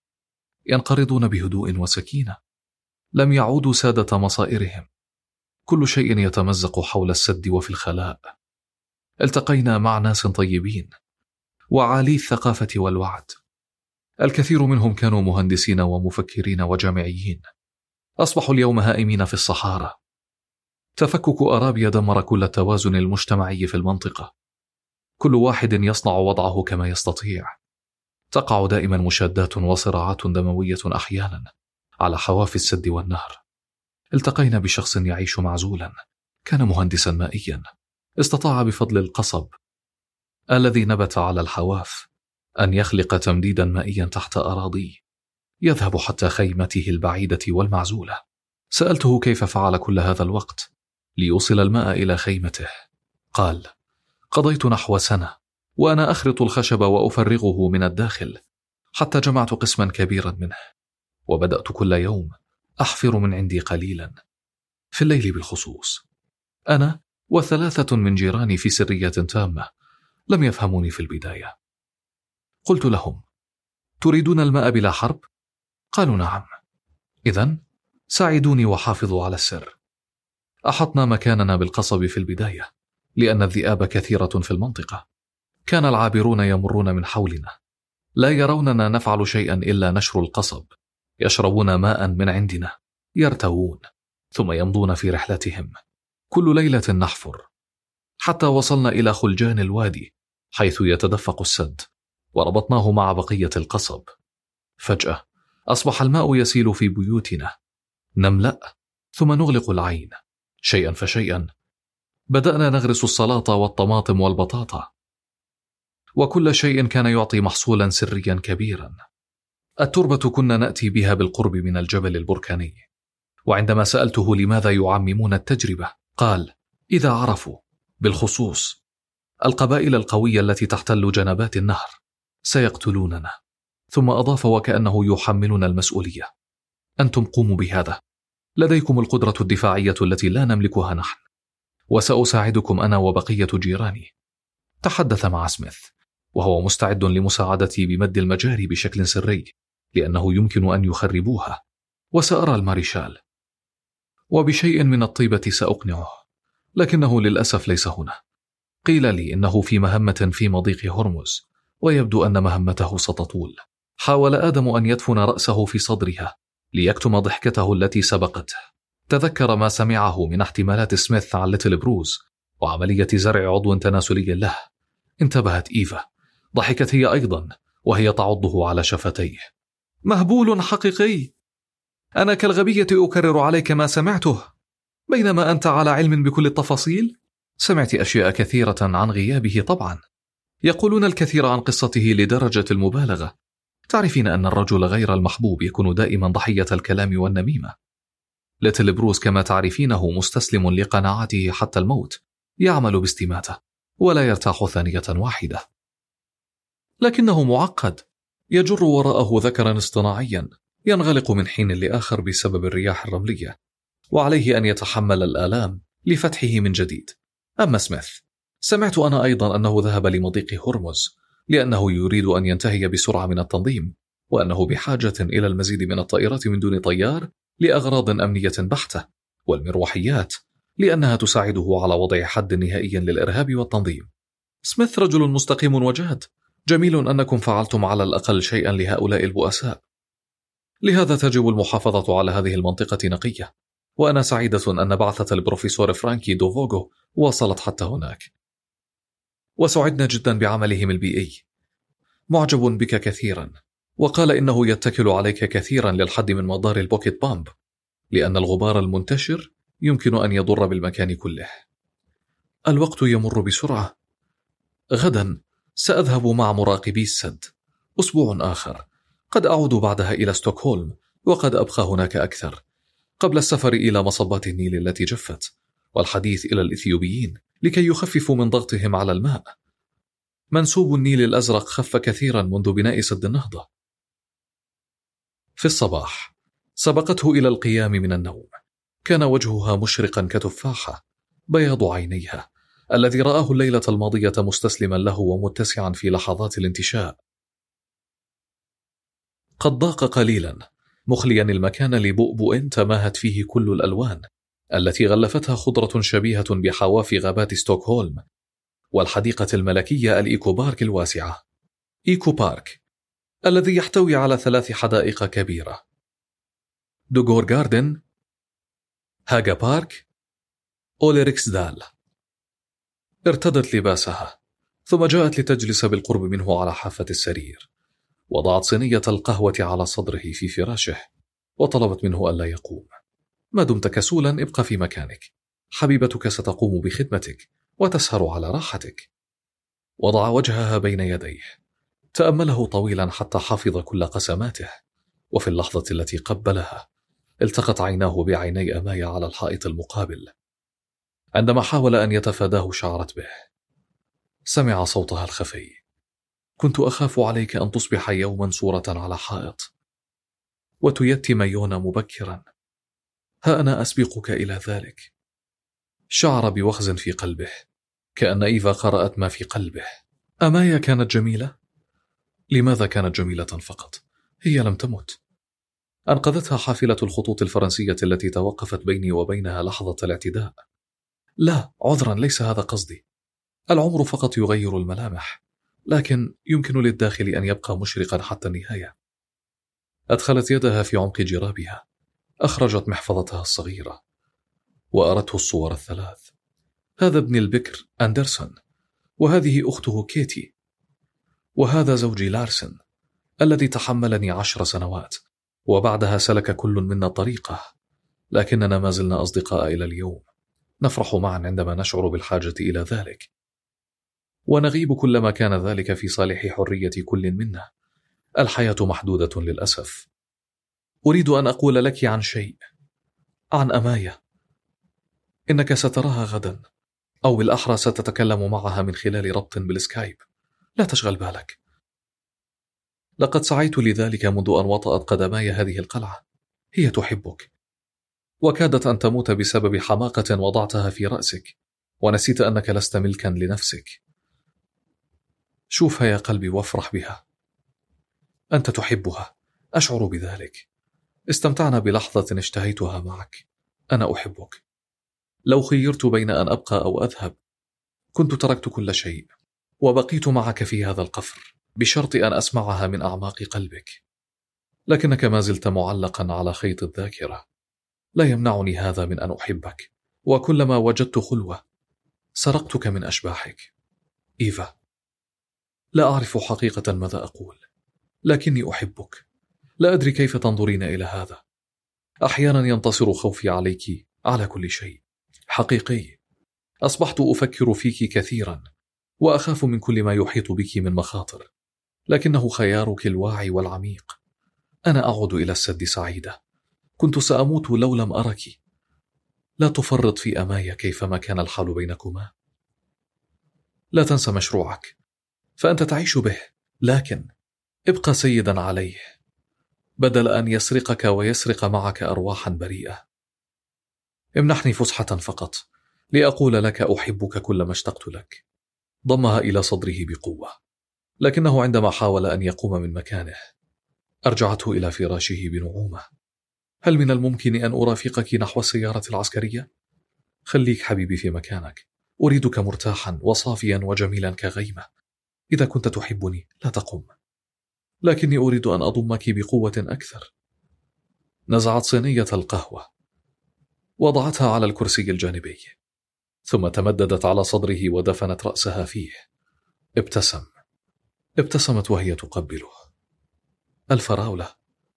ينقرضون بهدوء وسكينة. لم يعودوا سادة مصائرهم. كل شيء يتمزق حول السد وفي الخلاء. التقينا مع ناس طيبين وعالي الثقافة والوعد. الكثير منهم كانوا مهندسين ومفكرين وجامعيين، أصبحوا اليوم هائمين في الصحارى. تفكك أرابيا دمر كل التوازن المجتمعي في المنطقة، كل واحد يصنع وضعه كما يستطيع. تقع دائما مشادات وصراعات دموية أحيانا على حواف السد والنهر. التقينا بشخص يعيش معزولا، كان مهندسا مائيا، استطاع بفضل القصب الذي نبت على الحواف أن يخلق تمديدا مائيا تحت أراضيه يذهب حتى خيمته البعيدة والمعزولة. سألته كيف فعل كل هذا الوقت ليوصل الماء إلى خيمته. قال: قضيت نحو سنة وأنا أخرط الخشب وأفرغه من الداخل حتى جمعت قسما كبيرا منه، وبدأت كل يوم أحفر من عندي قليلا، في الليل بالخصوص. أنا وثلاثة من جيراني في سرية تامة لم يفهموني في البداية. قلت لهم: تريدون الماء بلا حرب؟ قالوا: نعم. إذن ساعدوني وحافظوا على السر. أحطنا مكاننا بالقصب في البداية لأن الذئاب كثيرة في المنطقة. كان العابرون يمرون من حولنا لا يروننا نفعل شيئا إلا نشر القصب، يشربون ماء من عندنا، يرتوون، ثم يمضون في رحلتهم. كل ليلة نحفر حتى وصلنا إلى خلجان الوادي حيث يتدفق السد، وربطناه مع بقية القصب. فجأة أصبح الماء يسيل في بيوتنا، نملأ ثم نغلق العين. شيئا فشيئا بدأنا نغرس السلطة والطماطم والبطاطا، وكل شيء كان يعطي محصولا سريا كبيرا. التربة كنا نأتي بها بالقرب من الجبل البركاني، وعندما سألته لماذا يعممون التجربة قال: إذا عرفوا بالخصوص القبائل القوية التي تحتل جنبات النهر سيقتلوننا. ثم أضاف وكأنه يحملنا المسؤولية: أنتم قوموا بهذا، لديكم القدرة الدفاعية التي لا نملكها نحن، وسأساعدكم أنا وبقية جيراني. تحدث مع سميث وهو مستعد لمساعدتي بمد المجاري بشكل سري لأنه يمكن أن يخربوها، وسأرى الماريشال وبشيء من الطيبة سأقنعه، لكنه للأسف ليس هنا. قيل لي إنه في مهمة في مضيق هرمز، ويبدو أن مهمته ستطول. حاول آدم أن يدفن رأسه في صدرها ليكتم ضحكته التي سبقته. تذكر ما سمعه من احتمالات سميث عن ليتل بروز وعملية زرع عضو تناسلي له. انتبهت إيفا، ضحكت هي أيضا وهي تعضه على شفتيه. مهبول حقيقي، أنا كالغبية أكرر عليك ما سمعته بينما أنت على علم بكل التفاصيل. سمعت أشياء كثيرة عن غيابه طبعا، يقولون الكثير عن قصته لدرجة المبالغة. تعرفين أن الرجل غير المحبوب يكون دائما ضحية الكلام والنميمة. ليتل بروز كما تعرفينه مستسلم لقناعاته حتى الموت، يعمل باستماتة ولا يرتاح ثانية واحدة. لكنه معقد، يجر وراءه ذكرا اصطناعيا ينغلق من حين لآخر بسبب الرياح الرملية، وعليه أن يتحمل الآلام لفتحه من جديد. أما سميث، سمعت أنا أيضا أنه ذهب لمضيق هرمز لأنه يريد أن ينتهي بسرعة من التنظيم، وأنه بحاجة إلى المزيد من الطائرات من دون طيار لأغراض أمنية بحتة، والمروحيات لأنها تساعده على وضع حد نهائي للإرهاب والتنظيم. سميث رجل مستقيم وجاد، جميل أنكم فعلتم على الأقل شيئا لهؤلاء البؤساء. لهذا تجب المحافظة على هذه المنطقة نقية، وأنا سعيدة أن بعثة البروفيسور فرانكي دوفوغو وصلت حتى هناك، وسعدنا جدا بعملهم البيئي. معجب بك كثيرا، وقال إنه يتكل عليك كثيرا للحد من مدار البوكيت بامب، لأن الغبار المنتشر يمكن أن يضر بالمكان كله. الوقت يمر بسرعة. غدا سأذهب مع مراقبي السد، أسبوع آخر قد أعود بعدها إلى ستوكهولم، وقد أبقى هناك أكثر قبل السفر إلى مصبات النيل التي جفت، والحديث إلى الإثيوبيين لكي يخففوا من ضغطهم على الماء. منسوب النيل الأزرق خف كثيرا منذ بناء سد النهضة. في الصباح سبقته إلى القيام من النوم، كان وجهها مشرقا كتفاحة، بياض عينيها الذي رآه الليلة الماضية مستسلما له ومتسعا في لحظات الانتشاء. قد ضاق قليلا، مخليا المكان لبؤبؤ تماهت فيه كل الألوان التي غلفتها خضرة شبيهة بحواف غابات ستوكهولم والحديقة الملكية الإيكو بارك الواسعة. إيكو بارك الذي يحتوي على ثلاث حدائق كبيرة: دوغور غاردن، هاغا بارك، أوليريكسدال. ارتدت لباسها ثم جاءت لتجلس بالقرب منه على حافة السرير، وضعت صينية القهوة على صدره في فراشه وطلبت منه ألا يقوم. ما دمت كسولا ابقى في مكانك، حبيبتك ستقوم بخدمتك وتسهر على راحتك. وضع وجهها بين يديه، تأمله طويلا حتى حفظ كل قسماته، وفي اللحظة التي قبلها التقت عيناه بعيني أمايا على الحائط المقابل. عندما حاول أن يتفاداه شعرت به. سمع صوتها الخفي: كنت أخاف عليك أن تصبح يوما صورة على حائط وتيتم يونا مبكرا، ها أنا أسبقك إلى ذلك. شعر بوخز في قلبه، كأن إيفا قرأت ما في قلبه. أمايا كانت جميلة؟ لماذا كانت جميلة فقط؟ هي لم تمت. أنقذتها حافلة الخطوط الفرنسية التي توقفت بيني وبينها لحظة الاعتداء. لا، عذرا، ليس هذا قصدي. العمر فقط يغير الملامح، لكن يمكن للداخل أن يبقى مشرقا حتى النهاية. أدخلت يدها في عمق جرابها، أخرجت محفظتها الصغيرة وأرته الصور الثلاث. هذا ابن البكر أندرسون، وهذه أخته كيتي، وهذا زوجي لارسن الذي تحملني عشر سنوات، وبعدها سلك كل منا طريقه، لكننا ما زلنا أصدقاء إلى اليوم. نفرح معا عندما نشعر بالحاجة إلى ذلك، ونغيب كلما كان ذلك في صالح حرية كل منا. الحياة محدودة للأسف. أريد أن أقول لك عن شيء، عن أمايا. إنك ستراها غدا، أو بالأحرى ستتكلم معها من خلال ربط بالسكايب. لا تشغل بالك. لقد سعيت لذلك منذ أن وطأت قدماي هذه القلعة. هي تحبك، وكادت أن تموت بسبب حماقة وضعتها في رأسك، ونسيت أنك لست ملكا لنفسك. شوفها يا قلبي وافرح بها. أنت تحبها، أشعر بذلك. استمتعنا بلحظة اشتهيتها معك. أنا أحبك. لو خيرت بين أن أبقى أو أذهب كنت تركت كل شيء وبقيت معك في هذا القفر، بشرط أن أسمعها من أعماق قلبك. لكنك ما زلت معلقا على خيط الذاكرة. لا يمنعني هذا من أن أحبك، وكلما وجدت خلوة سرقتك من أشباحك. إيفا، لا أعرف حقيقة ماذا أقول، لكني أحبك. لا أدري كيف تنظرين إلى هذا. أحيانا ينتصر خوفي عليك على كل شيء. حقيقي، أصبحت أفكر فيك كثيرا، وأخاف من كل ما يحيط بك من مخاطر، لكنه خيارك الواعي والعميق. أنا أعود إلى السد سعيدة. كنت سأموت لو لم أرك. لا تفرط في أمايا كيفما كان الحال بينكما. لا تنسى مشروعك، فأنت تعيش به، لكن ابقى سيدا عليه بدل أن يسرقك ويسرق معك أرواحا بريئة. امنحني فسحة فقط لأقول لك أحبك كلما اشتقت لك. ضمها إلى صدره بقوة، لكنه عندما حاول أن يقوم من مكانه أرجعته إلى فراشه بنعومة. هل من الممكن أن أرافقك نحو السيارة العسكرية؟ خليك حبيبي في مكانك. أريدك مرتاحا وصافيا وجميلا كغيمة. إذا كنت تحبني لا تقم، لكني أريد أن أضمك بقوة أكثر. نزعت صينية القهوة وضعتها على الكرسي الجانبي، ثم تمددت على صدره ودفنت رأسها فيه. ابتسم. ابتسمت وهي تقبله. الفراولة.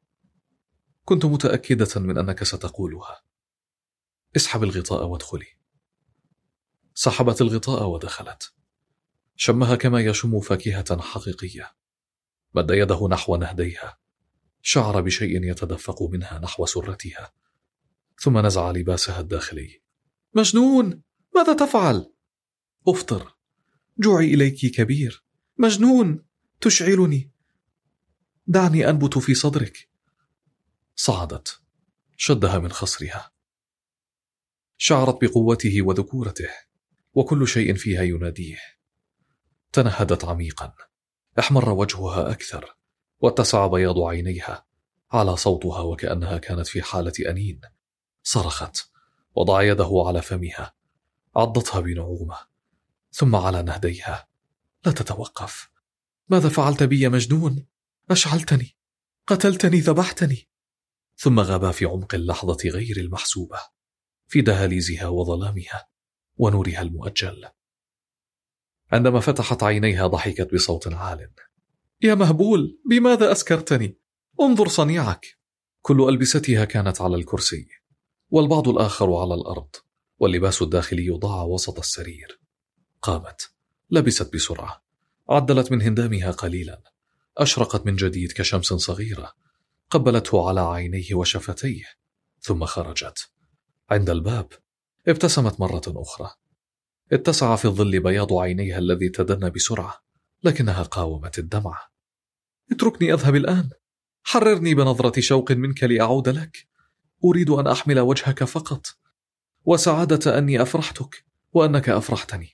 كنت متأكدة من أنك ستقولها. اسحب الغطاء وادخلي. سحبت الغطاء ودخلت. شمها كما يشم فاكهة حقيقية. مد يده نحو نهديها، شعر بشيء يتدفق منها نحو سرتها، ثم نزع لباسها الداخلي. مجنون، ماذا تفعل؟ أفطر، جوعي إليك كبير. مجنون، تشعلني. دعني أنبت في صدرك. صعدت، شدها من خصرها. شعرت بقوته وذكورته، وكل شيء فيها يناديه. تنهدت عميقا. احمر وجهها أكثر، واتسع بياض عينيها على صوتها وكأنها كانت في حالة أنين. صرخت، وضع يده على فمها، عضتها بنعومة، ثم على نهديها. لا تتوقف. ماذا فعلت بي يا مجنون؟ أشعلتني، قتلتني، ذبحتني. ثم غابا في عمق اللحظة غير المحسوبة، في دهاليزها وظلامها ونورها المؤجل. عندما فتحت عينيها ضحكت بصوت عال. يا مهبول، بماذا أسكرتني؟ انظر صنيعك. كل ألبستها كانت على الكرسي، والبعض الآخر على الأرض، واللباس الداخلي ضاع وسط السرير. قامت، لبست بسرعة، عدلت من هندامها قليلا، أشرقت من جديد كشمس صغيرة، قبلته على عينيه وشفتيه، ثم خرجت. عند الباب ابتسمت مرة أخرى. اتسع في الظل بياض عينيها الذي تدنى بسرعة، لكنها قاومت الدمع. اتركني أذهب الآن، حررني بنظرة شوق منك لأعود لك. أريد أن أحمل وجهك فقط، وسعادة أني أفرحتك وأنك أفرحتني.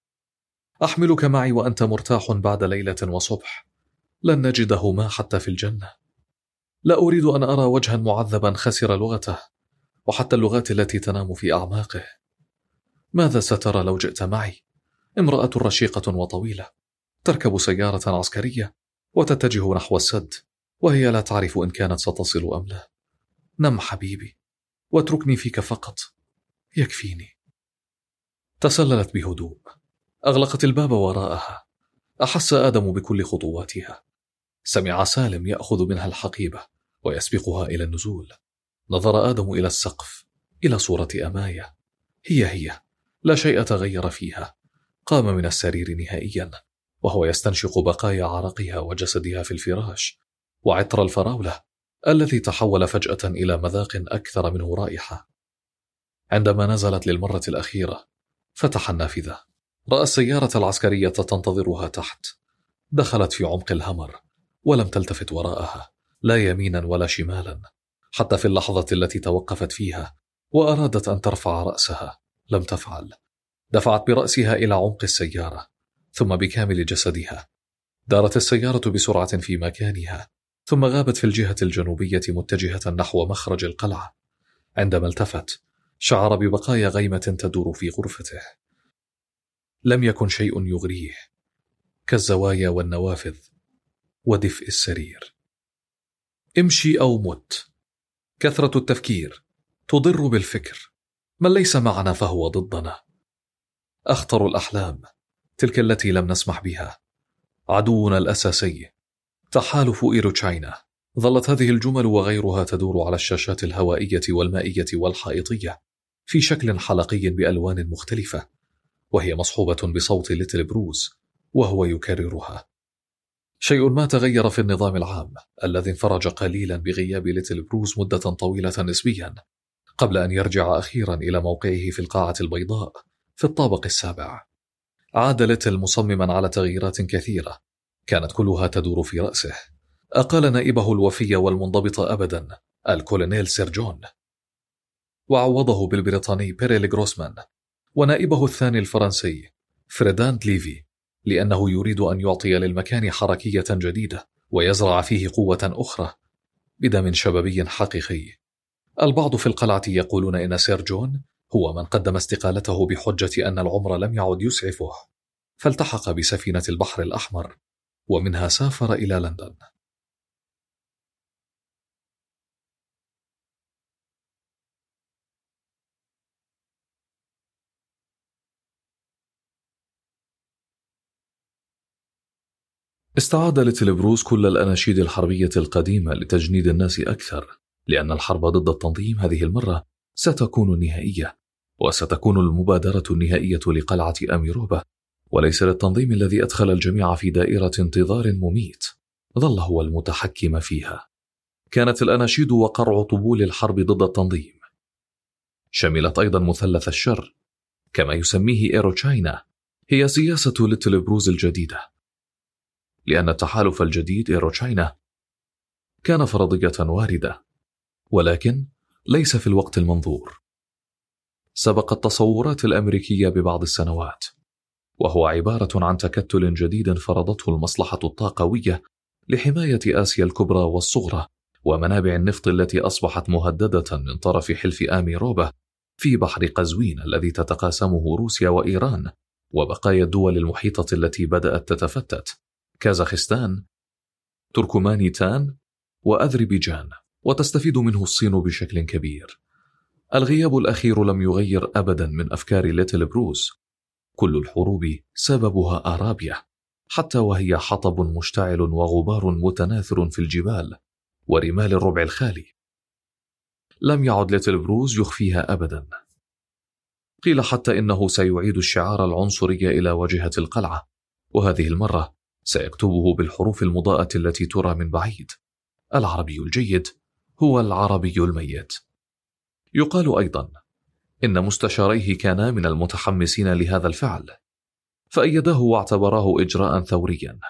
أحملك معي وأنت مرتاح بعد ليلة وصبح لن نجده ما حتى في الجنة. لا أريد أن أرى وجها معذبا خسر لغته وحتى اللغات التي تنام في أعماقه. ماذا سترى لو جئت معي؟ امرأة رشيقة وطويلة تركب سيارة عسكرية وتتجه نحو السد، وهي لا تعرف إن كانت ستصل أم لا. نم حبيبي واتركني فيك فقط، يكفيني. تسللت بهدوء، أغلقت الباب وراءها. أحس آدم بكل خطواتها. سمع سالم يأخذ منها الحقيبة ويسبقها إلى النزول. نظر آدم إلى السقف، إلى صورة أماية، هي هي، لا شيء تغير فيها. قام من السرير نهائيا وهو يستنشق بقايا عرقها وجسدها في الفراش وعطر الفراولة الذي تحول فجأة إلى مذاق أكثر منه رائحة. عندما نزلت للمرة الأخيرة فتح النافذة، رأى السيارة العسكرية تنتظرها تحت. دخلت في عمق الهمر ولم تلتفت وراءها، لا يمينا ولا شمالا. حتى في اللحظة التي توقفت فيها وأرادت أن ترفع رأسها لم تفعل. دفعت برأسها إلى عمق السيارة ثم بكامل جسدها. دارت السيارة بسرعة في مكانها ثم غابت في الجهة الجنوبية متجهة نحو مخرج القلعة. عندما التفت شعر ببقايا غيمة تدور في غرفته. لم يكن شيء يغريه كالزوايا والنوافذ ودفء السرير. امشي أو مت. كثرة التفكير تضر بالفكر. من ليس معنا فهو ضدنا. أخطر الأحلام تلك التي لم نسمح بها. عدونا الأساسي تحالف إيروتشاينا. ظلت هذه الجمل وغيرها تدور على الشاشات الهوائية والمائية والحائطية في شكل حلقي بألوان مختلفة، وهي مصحوبة بصوت ليتل بروز وهو يكررها. شيء ما تغير في النظام العام الذي انفرج قليلا بغياب ليتل بروز مدة طويلة نسبيا قبل أن يرجع أخيرا إلى موقعه في القاعة البيضاء في الطابق السابع. عاد ليتل مصمما على تغييرات كثيرة كانت كلها تدور في رأسه. أقال نائبه الوفي والمنضبط أبدا الكولونيل سير جون، وعوضه بالبريطاني بيريل غروسمان، ونائبه الثاني الفرنسي فريداند ليفي، لأنه يريد أن يعطي للمكان حركية جديدة ويزرع فيه قوة أخرى بدم شبابي حقيقي. البعض في القلعة يقولون إن سير جون هو من قدم استقالته بحجة أن العمر لم يعد يسعفه، فالتحق بسفينة البحر الأحمر ومنها سافر إلى لندن. استعاد ليتل بروز كل الأناشيد الحربية القديمة لتجنيد الناس أكثر، لأن الحرب ضد التنظيم هذه المرة ستكون نهائية، وستكون المبادرة النهائية لقلعة أميروبا، وليس للتنظيم الذي أدخل الجميع في دائرة انتظار مميت ظل هو المتحكم فيها. كانت الأناشيد وقرع طبول الحرب ضد التنظيم. شملت أيضا مثلث الشر كما يسميه إيروتشاينا، هي سياسة ليتل بروز الجديدة، لأن التحالف الجديد إيروتشاينا كان فرضية واردة، ولكن ليس في الوقت المنظور. سبق التصورات الأمريكية ببعض السنوات، وهو عبارة عن تكتل جديد فرضته المصلحة الطاقوية لحماية آسيا الكبرى والصغرى ومنابع النفط التي أصبحت مهددة من طرف حلف أميروبا في بحر قزوين الذي تتقاسمه روسيا وإيران وبقايا الدول المحيطة التي بدأت تتفتت كازاخستان، تركمانستان وأذربيجان، وتستفيد منه الصين بشكل كبير. الغياب الأخير لم يغير أبدا من أفكار ليتل بروس. كل الحروب سببها أرابيا، حتى وهي حطب مشتعل وغبار متناثر في الجبال ورمال الربع الخالي. لم يعد ليتل بروس يخفيها أبدا. قيل حتى إنه سيعيد الشعار العنصري إلى واجهة القلعة، وهذه المرة سيكتبه بالحروف المضاءة التي ترى من بعيد: العربي الجيد هو العربي الميت. يقال أيضا إن مستشاريه كانا من المتحمسين لهذا الفعل، فأيداه واعتبراه إجراء ثوريا،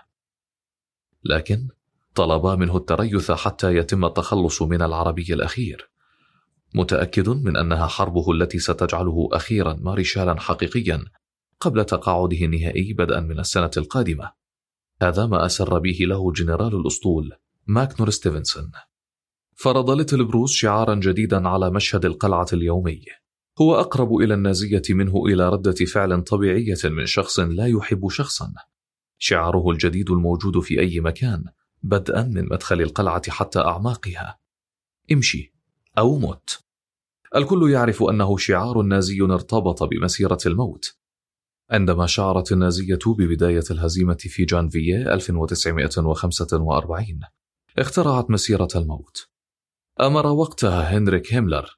لكن طلبا منه التريث حتى يتم التخلص من العربي الأخير، متأكد من أنها حربه التي ستجعله أخيرا مارشالا حقيقيا قبل تقاعده النهائي بدءا من السنة القادمة. هذا ما أسر به له جنرال الأسطول ماكنور ستيفنسون. فرض ليتل بروس شعارا جديدا على مشهد القلعة اليومي، هو أقرب إلى النازية منه إلى ردة فعل طبيعية من شخص لا يحب شخصا. شعاره الجديد الموجود في أي مكان، بدءا من مدخل القلعة حتى أعماقها: امشي أو موت. الكل يعرف أنه شعار نازي ارتبط بمسيرة الموت. عندما شعرت النازية ببداية الهزيمة في جانفييه ألف وتسعمائة وخمسة وأربعين، اخترعت مسيرة الموت. أمر وقتها هنريك هيملر،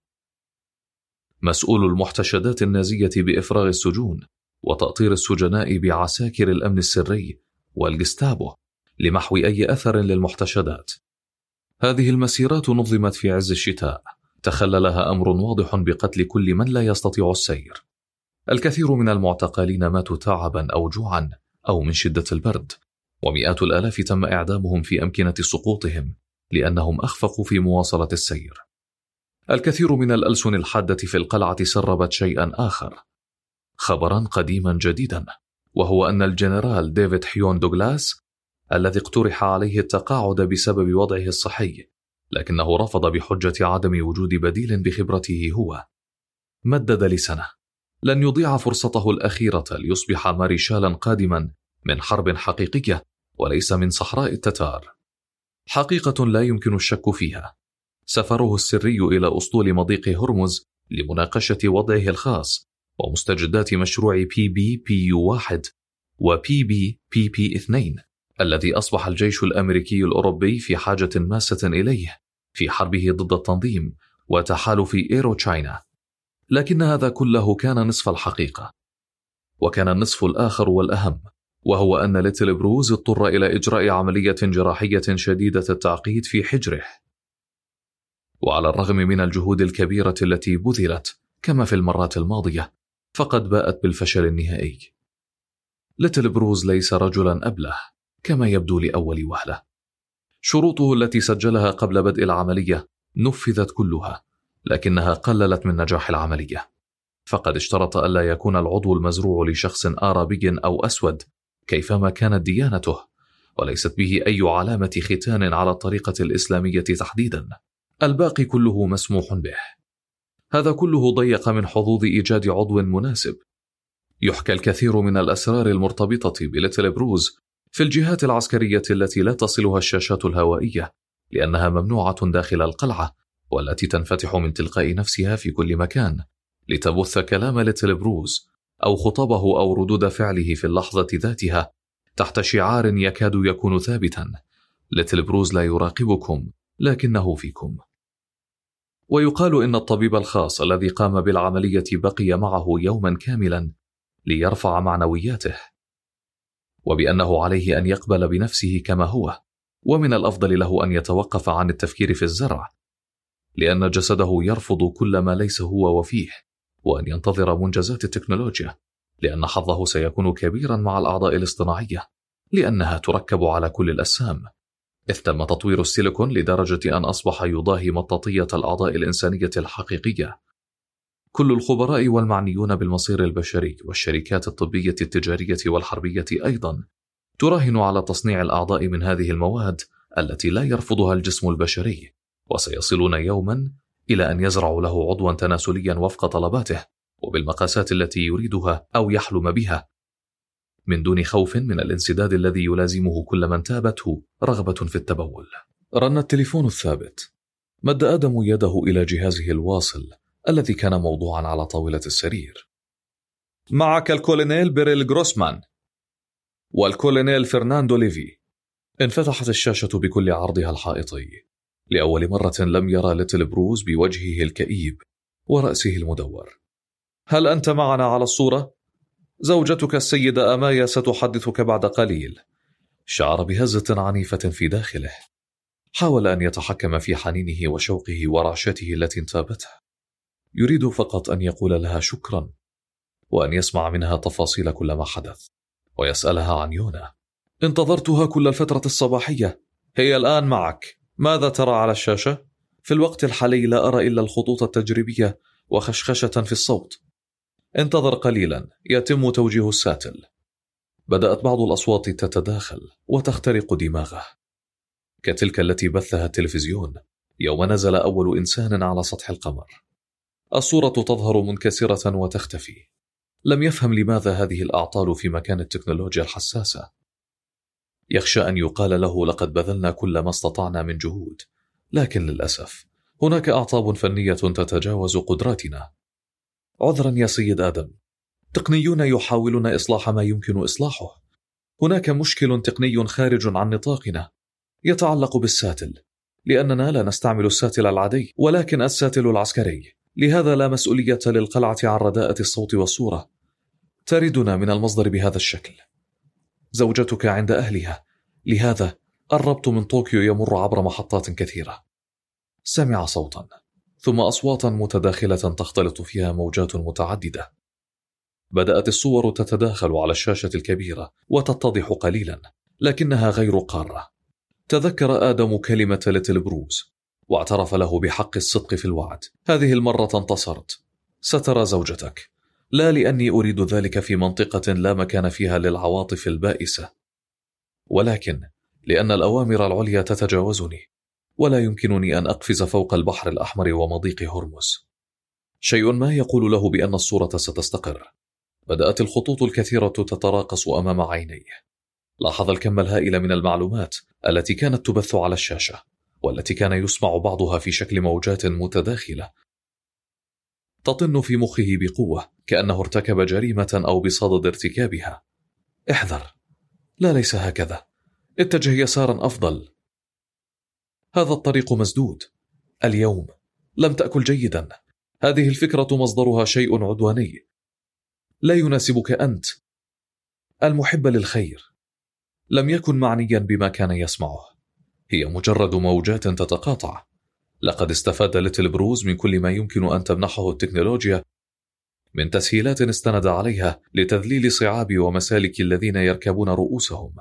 مسؤول المحتشدات النازية، بإفراغ السجون وتأطير السجناء بعساكر الأمن السري والجستابو لمحو أي أثر للمحتشدات. هذه المسيرات نظمت في عز الشتاء، تخللها أمر واضح بقتل كل من لا يستطيع السير. الكثير من المعتقلين ماتوا تعبا أو جوعا أو من شدة البرد، ومئات الآلاف تم إعدامهم في أمكنة سقوطهم لأنهم أخفقوا في مواصلة السير. الكثير من الألسن الحادة في القلعة سربت شيئا آخر، خبرا قديما جديدا، وهو أن الجنرال ديفيد حيون دوغلاس الذي اقترح عليه التقاعد بسبب وضعه الصحي، لكنه رفض بحجة عدم وجود بديل بخبرته هو، مدد لسنة. لن يضيع فرصته الأخيرة ليصبح مارشالا قادما من حرب حقيقية وليس من صحراء التتار. حقيقة لا يمكن الشك فيها: سفره السري إلى أسطول مضيق هرمز لمناقشة وضعه الخاص ومستجدات مشروع بي بي بي يو واحد وبي بي بي بي اثنين الذي أصبح الجيش الأمريكي الأوروبي في حاجة ماسة إليه في حربه ضد التنظيم وتحالف إيرو تشاينا. لكن هذا كله كان نصف الحقيقة، وكان النصف الآخر والأهم، وهو أن ليتل بروس اضطر إلى إجراء عملية جراحية شديدة التعقيد في حجره. وعلى الرغم من الجهود الكبيرة التي بذلت كما في المرات الماضية، فقد باءت بالفشل النهائي. ليتل بروس ليس رجلا أبله كما يبدو لأول وهلة. شروطه التي سجلها قبل بدء العملية نفذت كلها، لكنها قللت من نجاح العملية. فقد اشترط ألا يكون العضو المزروع لشخص آرابي أو أسود كيفما كانت ديانته، وليست به أي علامة ختان على الطريقة الإسلامية تحديدا. الباقي كله مسموح به. هذا كله ضيق من حظوظ إيجاد عضو مناسب. يحكى الكثير من الأسرار المرتبطة بليتل بروس في الجهات العسكرية التي لا تصلها الشاشات الهوائية، لأنها ممنوعة داخل القلعة، والتي تنفتح من تلقاء نفسها في كل مكان لتبث كلام ليتل بروس أو خطبه أو ردود فعله في اللحظة ذاتها تحت شعار يكاد يكون ثابتا: ليتل بروس لا يراقبكم لكنه فيكم. ويقال إن الطبيب الخاص الذي قام بالعملية بقي معه يوما كاملا ليرفع معنوياته، وبأنه عليه أن يقبل بنفسه كما هو، ومن الأفضل له أن يتوقف عن التفكير في الزرع، لأن جسده يرفض كل ما ليس هو وفيه، وأن ينتظر منجزات التكنولوجيا، لأن حظه سيكون كبيرا مع الأعضاء الاصطناعية، لأنها تركب على كل الأجسام، إذ تم تطوير السيليكون لدرجة أن أصبح يضاهي مطاطية الأعضاء الإنسانية الحقيقية. كل الخبراء والمعنيون بالمصير البشري والشركات الطبية التجارية والحربية أيضا تراهن على تصنيع الأعضاء من هذه المواد التي لا يرفضها الجسم البشري، وسيصلون يوما إلى أن يزرعوا له عضوا تناسليا وفق طلباته وبالمقاسات التي يريدها أو يحلم بها. من دون خوف من الانسداد الذي يلازمه كل من تابته رغبة في التبول. رن التليفون الثابت. مد آدم يده إلى جهازه الواصل الذي كان موضوعا على طاولة السرير. معك الكولونيل بيريل غروسمان والكولونيل فرناندو ليفي. انفتحت الشاشة بكل عرضها الحائطي. لأول مرة لم يرى ليتل بروز بوجهه الكئيب ورأسه المدور. هل أنت معنا على الصورة؟ زوجتك السيدة أمايا ستحدثك بعد قليل. شعر بهزة عنيفة في داخله. حاول أن يتحكم في حنينه وشوقه ورعشته التي انتابته. يريد فقط أن يقول لها شكرا، وأن يسمع منها تفاصيل كل ما حدث، ويسألها عن يونا. انتظرتها كل الفترة الصباحية، هي الآن معك. ماذا ترى على الشاشة؟ في الوقت الحالي لا أرى إلا الخطوط التجريبية وخشخشة في الصوت. انتظر قليلا، يتم توجيه الساتل. بدأت بعض الأصوات تتداخل وتخترق دماغه، كتلك التي بثها التلفزيون يوم نزل أول إنسان على سطح القمر. الصورة تظهر منكسرة وتختفي. لم يفهم لماذا هذه الأعطال في مكان التكنولوجيا الحساسة. يخشى أن يقال له لقد بذلنا كل ما استطعنا من جهود، لكن للأسف هناك أعطاب فنية تتجاوز قدراتنا. عذرا يا سيد آدم، تقنيون يحاولون إصلاح ما يمكن إصلاحه. هناك مشكل تقني خارج عن نطاقنا يتعلق بالساتل، لأننا لا نستعمل الساتل العادي ولكن الساتل العسكري، لهذا لا مسؤولية للقلعة عن رداءة الصوت والصورة. تردنا من المصدر بهذا الشكل. زوجتك عند أهلها، لهذا الربط من طوكيو يمر عبر محطات كثيرة. سمع صوتا ثم أصواتا متداخلة تختلط فيها موجات متعددة. بدأت الصور تتداخل على الشاشة الكبيرة وتتضح قليلا، لكنها غير قارة. تذكر آدم كلمة ليتل بروز واعترف له بحق الصدق في الوعد. هذه المرة انتصرت. سترى زوجتك، لا لأني أريد ذلك في منطقة لا مكان فيها للعواطف البائسة، ولكن لأن الأوامر العليا تتجاوزني، ولا يمكنني أن أقفز فوق البحر الأحمر ومضيق هرمز. شيء ما يقول له بأن الصورة ستستقر. بدأت الخطوط الكثيرة تتراقص أمام عينيه. لاحظ الكم الهائل من المعلومات التي كانت تبث على الشاشة، والتي كان يسمع بعضها في شكل موجات متداخلة تطن في مخه بقوة، كأنه ارتكب جريمة أو بصدد ارتكابها. احذر، لا ليس هكذا، اتجه يسارا أفضل، هذا الطريق مسدود. اليوم لم تأكل جيدا، هذه الفكرة مصدرها شيء عدواني لا يناسبك أنت المحب للخير. لم يكن معنيا بما كان يسمعه، هي مجرد موجات تتقاطع. لقد استفاد ليتل بروز من كل ما يمكن أن تمنحه التكنولوجيا من تسهيلات استند عليها لتذليل صعاب ومسالك الذين يركبون رؤوسهم،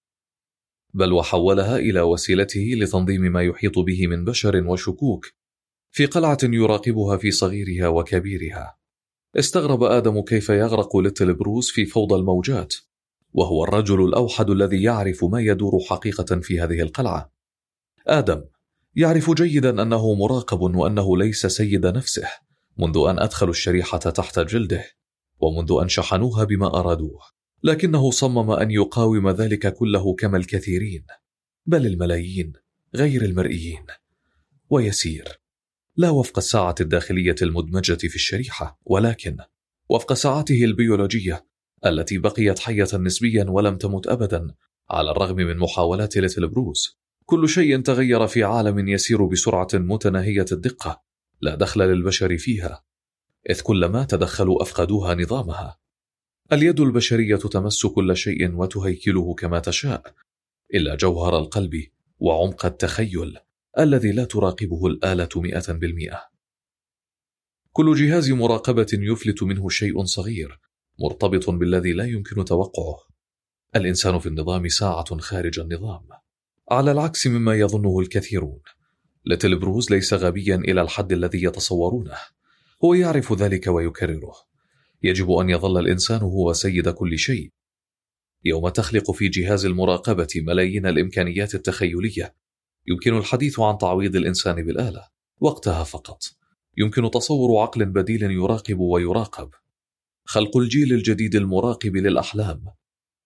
بل وحولها إلى وسيلته لتنظيم ما يحيط به من بشر وشكوك في قلعة يراقبها في صغيرها وكبيرها. استغرب آدم كيف يغرق ليتل بروز في فوضى الموجات، وهو الرجل الأوحد الذي يعرف ما يدور حقيقة في هذه القلعة. آدم يعرف جيدا أنه مراقب وأنه ليس سيد نفسه منذ أن أدخلوا الشريحة تحت جلده ومنذ أن شحنوها بما أرادوه، لكنه صمم أن يقاوم ذلك كله كما الكثيرين، بل الملايين غير المرئيين. ويسير، لا وفق الساعة الداخلية المدمجة في الشريحة، ولكن وفق ساعته البيولوجية التي بقيت حية نسبيا ولم تمت أبدا على الرغم من محاولات ليتل بروز. كل شيء تغير في عالم يسير بسرعة متناهية الدقة لا دخل للبشر فيها، إذ كلما تدخلوا أفقدوها نظامها. اليد البشرية تمس كل شيء وتهيكله كما تشاء، إلا جوهر القلب وعمق التخيل الذي لا تراقبه الآلة مئة بالمئة. كل جهاز مراقبة يفلت منه شيء صغير مرتبط بالذي لا يمكن توقعه. الإنسان في النظام ساعة خارج النظام، على العكس مما يظنه الكثيرون. ليتل بروز ليس غبيا إلى الحد الذي يتصورونه، هو يعرف ذلك ويكرره. يجب أن يظل الإنسان هو سيد كل شيء. يوم تخلق في جهاز المراقبة ملايين الإمكانيات التخيلية، يمكن الحديث عن تعويض الإنسان بالآلة. وقتها فقط يمكن تصور عقل بديل يراقب ويراقب، خلق الجيل الجديد المراقب للأحلام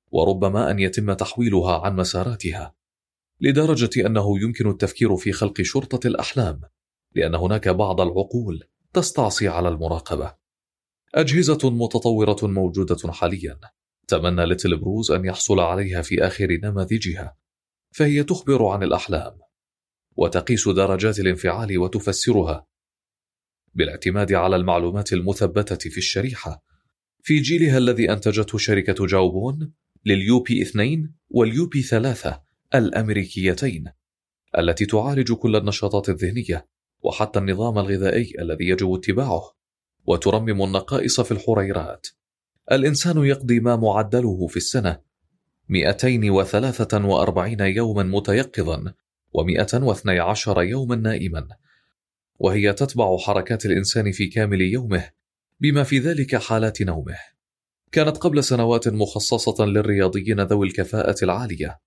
وربما أن يتم تحويلها عن مساراتها، لدرجة أنه يمكن التفكير في خلق شرطة الأحلام، لأن هناك بعض العقول تستعصي على المراقبة. أجهزة متطورة موجودة حاليا، تمنى ليتل بروز أن يحصل عليها في آخر نماذجها، فهي تخبر عن الأحلام وتقيس درجات الانفعال وتفسرها بالاعتماد على المعلومات المثبتة في الشريحة في جيلها الذي أنتجته شركة جاوبون لليو بي اثنين واليو بي ثلاثة الأمريكيتين، التي تعالج كل النشاطات الذهنية وحتى النظام الغذائي الذي يجب اتباعه، وترمم النقائص في الحريرات. الإنسان يقضي ما معدله في السنة مئتين وثلاثة وأربعين يوما متيقظا ومئة واثني عشر يوما نائما، وهي تتبع حركات الإنسان في كامل يومه بما في ذلك حالات نومه. كانت قبل سنوات مخصصة للرياضيين ذوي الكفاءة العالية،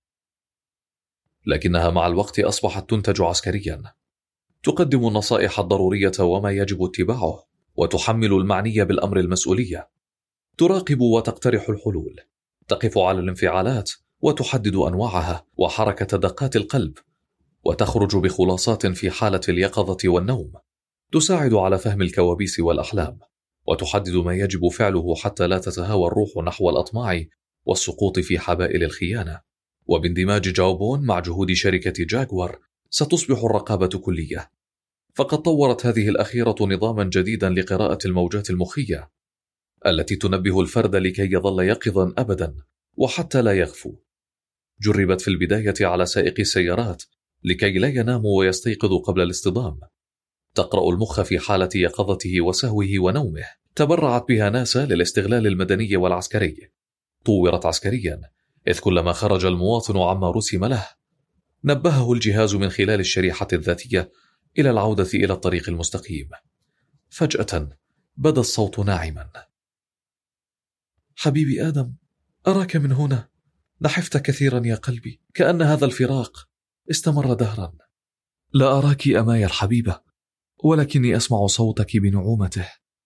لكنها مع الوقت أصبحت تنتج عسكريا، تقدم النصائح الضرورية وما يجب اتباعه، وتحمل المعني بالأمر المسؤولية، تراقب وتقترح الحلول، تقف على الانفعالات وتحدد أنواعها وحركة دقات القلب، وتخرج بخلاصات في حالة اليقظة والنوم، تساعد على فهم الكوابيس والأحلام، وتحدد ما يجب فعله حتى لا تتهاوى الروح نحو الأطماع والسقوط في حبائل الخيانة. وباندماج جاوبون مع جهود شركة جاكوار ستصبح الرقابة كلية، فقد طورت هذه الأخيرة نظاما جديدا لقراءة الموجات المخية التي تنبه الفرد لكي يظل يقظا أبدا وحتى لا يغفو. جربت في البداية على سائق السيارات لكي لا ينام ويستيقظ قبل الاصطدام، تقرأ المخ في حالة يقظته وسهوه ونومه. تبرعت بها ناسا للاستغلال المدني والعسكري، طورت عسكريا، إذ كلما خرج المواطن عما رسم له نبهه الجهاز من خلال الشريحة الذاتية إلى العودة إلى الطريق المستقيم. فجأة بدا الصوت ناعما: حبيبي آدم، أراك من هنا، نحفت كثيرا يا قلبي، كأن هذا الفراق استمر دهرا. لا أراك أماي الحبيبة، ولكني أسمع صوتك بنعومته.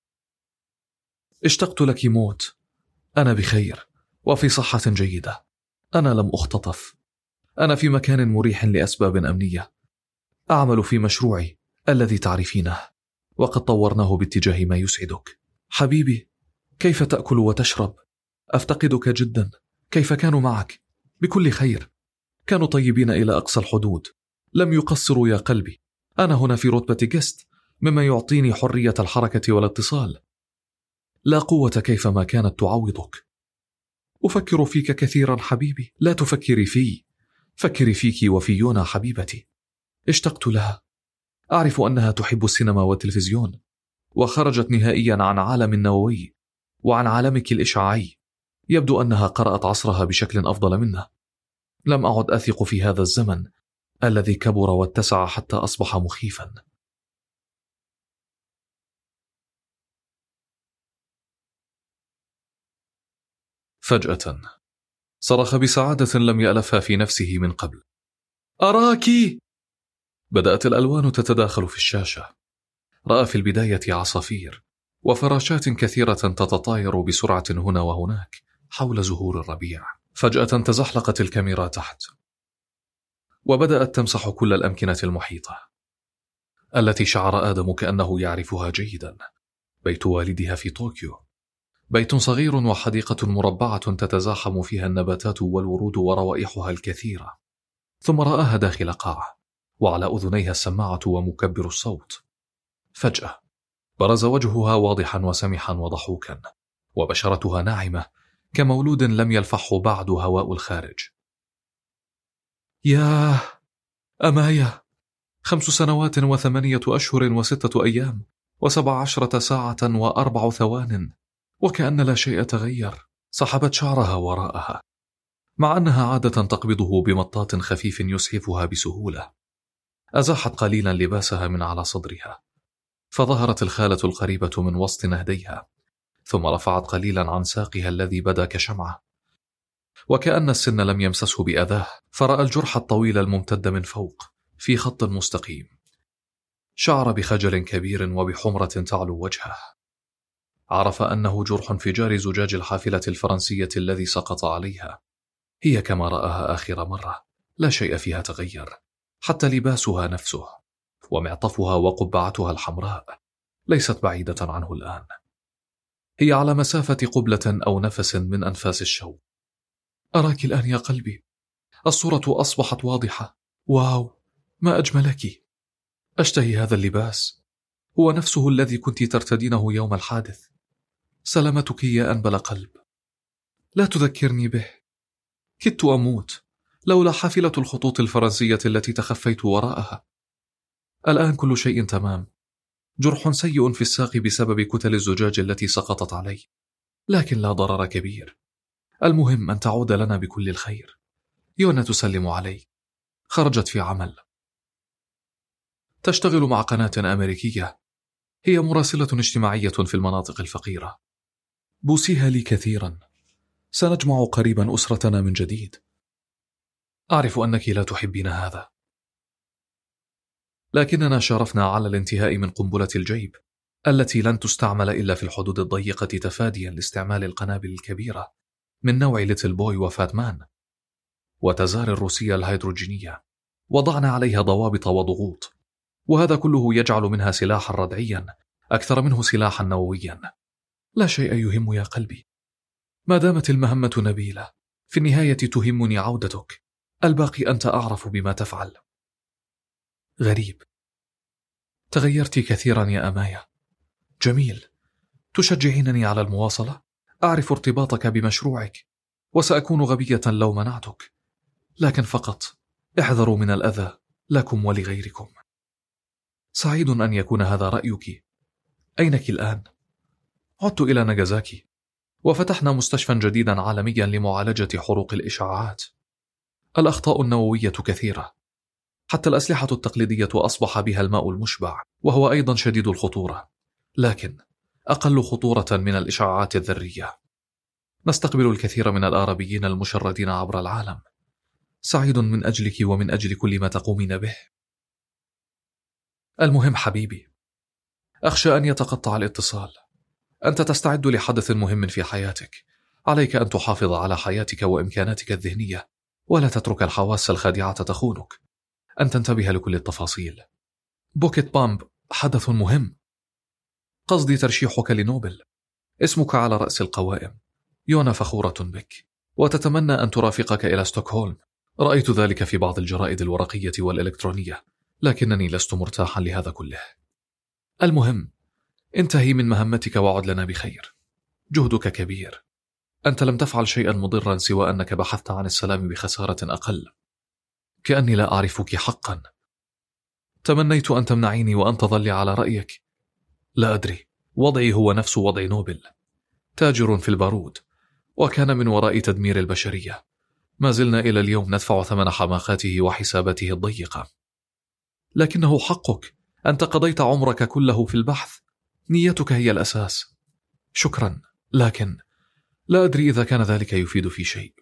اشتقت لك موت. أنا بخير وفي صحة جيدة، أنا لم أختطف، أنا في مكان مريح لأسباب أمنية، أعمل في مشروعي الذي تعرفينه، وقد طورناه باتجاه ما يسعدك. حبيبي، كيف تأكل وتشرب؟ أفتقدك جدا. كيف كانوا معك؟ بكل خير، كانوا طيبين إلى أقصى الحدود، لم يقصروا يا قلبي. أنا هنا في رتبة جست، مما يعطيني حرية الحركة والاتصال. لا قوة كيفما كانت تعوضك. أفكر فيك كثيرا حبيبي. لا تفكري في فكري فيك وفي يونا حبيبتي. اشتقت لها. أعرف أنها تحب السينما والتلفزيون، وخرجت نهائيا عن عالم النووي وعن عالمك الإشعاعي. يبدو أنها قرأت عصرها بشكل أفضل منه. لم أعد أثق في هذا الزمن الذي كبر واتسع حتى أصبح مخيفا. فجأة صرخ بسعادة لم يألفها في نفسه من قبل: أراكِ! بدأت الألوان تتداخل في الشاشة. رأى في البداية عصافير وفراشات كثيرة تتطاير بسرعة هنا وهناك حول زهور الربيع. فجأة تزحلقت الكاميرا تحت، وبدأت تمسح كل الأمكنة المحيطة التي شعر آدم كأنه يعرفها جيدا. بيت والدها في طوكيو، بيت صغير وحديقة مربعة تتزاحم فيها النباتات والورود وروائحها الكثيرة. ثم رآها داخل قاعة، وعلى أذنيها السماعة ومكبر الصوت. فجأة برز وجهها واضحا وسمحا وضحوكا، وبشرتها ناعمة كمولود لم يلفحه بعد هواء الخارج. ياه أمايا، خمس سنوات وثمانية أشهر وستة أيام وسبع عشرة ساعة وأربع ثوان، وكأن لا شيء تغير. سحبت شعرها وراءها، مع أنها عادة تقبضه بمطاط خفيف يسعفها بسهولة. أزاحت قليلا لباسها من على صدرها، فظهرت الخالة القريبة من وسط نهديها، ثم رفعت قليلا عن ساقها الذي بدا كشمعة، وكأن السن لم يمسسه بأذاه، فرأى الجرح الطويل الممتد من فوق في خط مستقيم. شعر بخجل كبير وبحمرة تعلو وجهه. عرف أنه جرح انفجار زجاج الحافلة الفرنسية الذي سقط عليها. هي كما رآها آخر مرة، لا شيء فيها تغير، حتى لباسها نفسه ومعطفها وقبعتها الحمراء ليست بعيدة عنه الآن. هي على مسافة قبلة أو نفس من أنفاس الشوق. أراك الآن يا قلبي، الصورة أصبحت واضحة. واو، ما أجملك. أشتهي هذا اللباس، هو نفسه الذي كنت ترتدينه يوم الحادث. سلامتك يا أنبل قلب. لا تذكرني به، كدت أموت لولا حافلة الخطوط الفرنسية التي تخفيت وراءها. الآن كل شيء تمام، جرح سيء في الساق بسبب كتل الزجاج التي سقطت علي، لكن لا ضرر كبير. المهم أن تعود لنا بكل الخير. يونا تسلم علي، خرجت في عمل، تشتغل مع قناة أمريكية، هي مراسلة اجتماعية في المناطق الفقيرة. بوسيها لي كثيرا، سنجمع قريبا أسرتنا من جديد. أعرف أنك لا تحبين هذا، لكننا شارفنا على الانتهاء من قنبلة الجيب التي لن تستعمل إلا في الحدود الضيقة تفاديا لاستعمال القنابل الكبيرة من نوع ليتل بوي وفاتمان وتزار الروسية الهيدروجينية. وضعنا عليها ضوابط وضغوط، وهذا كله يجعل منها سلاحا ردعيا أكثر منه سلاحا نوويا. لا شيء يهم يا قلبي، ما دامت المهمة نبيلة، في النهاية تهمني عودتك، الباقي أنت أعرف بما تفعل. غريب، تغيرت كثيرا يا أمايا. جميل، تشجعينني على المواصلة؟ أعرف ارتباطك بمشروعك، وسأكون غبية لو منعتك، لكن فقط احذروا من الأذى لكم ولغيركم. سعيد أن يكون هذا رأيك. أينك الآن؟ عدت إلى ناغازاكي، وفتحنا مستشفى جديدا عالميا لمعالجة حروق الإشعاعات. الأخطاء النووية كثيرة، حتى الأسلحة التقليدية أصبح بها الماء المشبع، وهو أيضا شديد الخطورة، لكن أقل خطورة من الإشعاعات الذرية. نستقبل الكثير من الآرابيين المشردين عبر العالم. سعيد من أجلك ومن أجل كل ما تقومين به. المهم حبيبي، أخشى أن يتقطع الاتصال. أنت تستعد لحدث مهم في حياتك، عليك أن تحافظ على حياتك وإمكاناتك الذهنية، ولا تترك الحواس الخادعة تخونك. أن تنتبه لكل التفاصيل. بوكيت بامب حدث مهم، قصدي ترشيحك لنوبل. اسمك على رأس القوائم. يونا فخورة بك، وتتمنى أن ترافقك إلى ستوكهولم. رأيت ذلك في بعض الجرائد الورقية والإلكترونية، لكنني لست مرتاحا لهذا كله. المهم، انتهي من مهمتك وعد لنا بخير. جهدك كبير، أنت لم تفعل شيئا مضرا سوى أنك بحثت عن السلام بخسارة أقل. كأني لا أعرفك حقا. تمنيت أن تمنعيني وأن تظلي على رأيك. لا أدري، وضعي هو نفس وضع نوبل، تاجر في البارود، وكان من وراء تدمير البشرية. ما زلنا إلى اليوم ندفع ثمن حماقاته وحساباته الضيقة. لكنه حقك، أنت قضيت عمرك كله في البحث، نيتك هي الأساس. شكرا، لكن لا أدري إذا كان ذلك يفيد في شيء.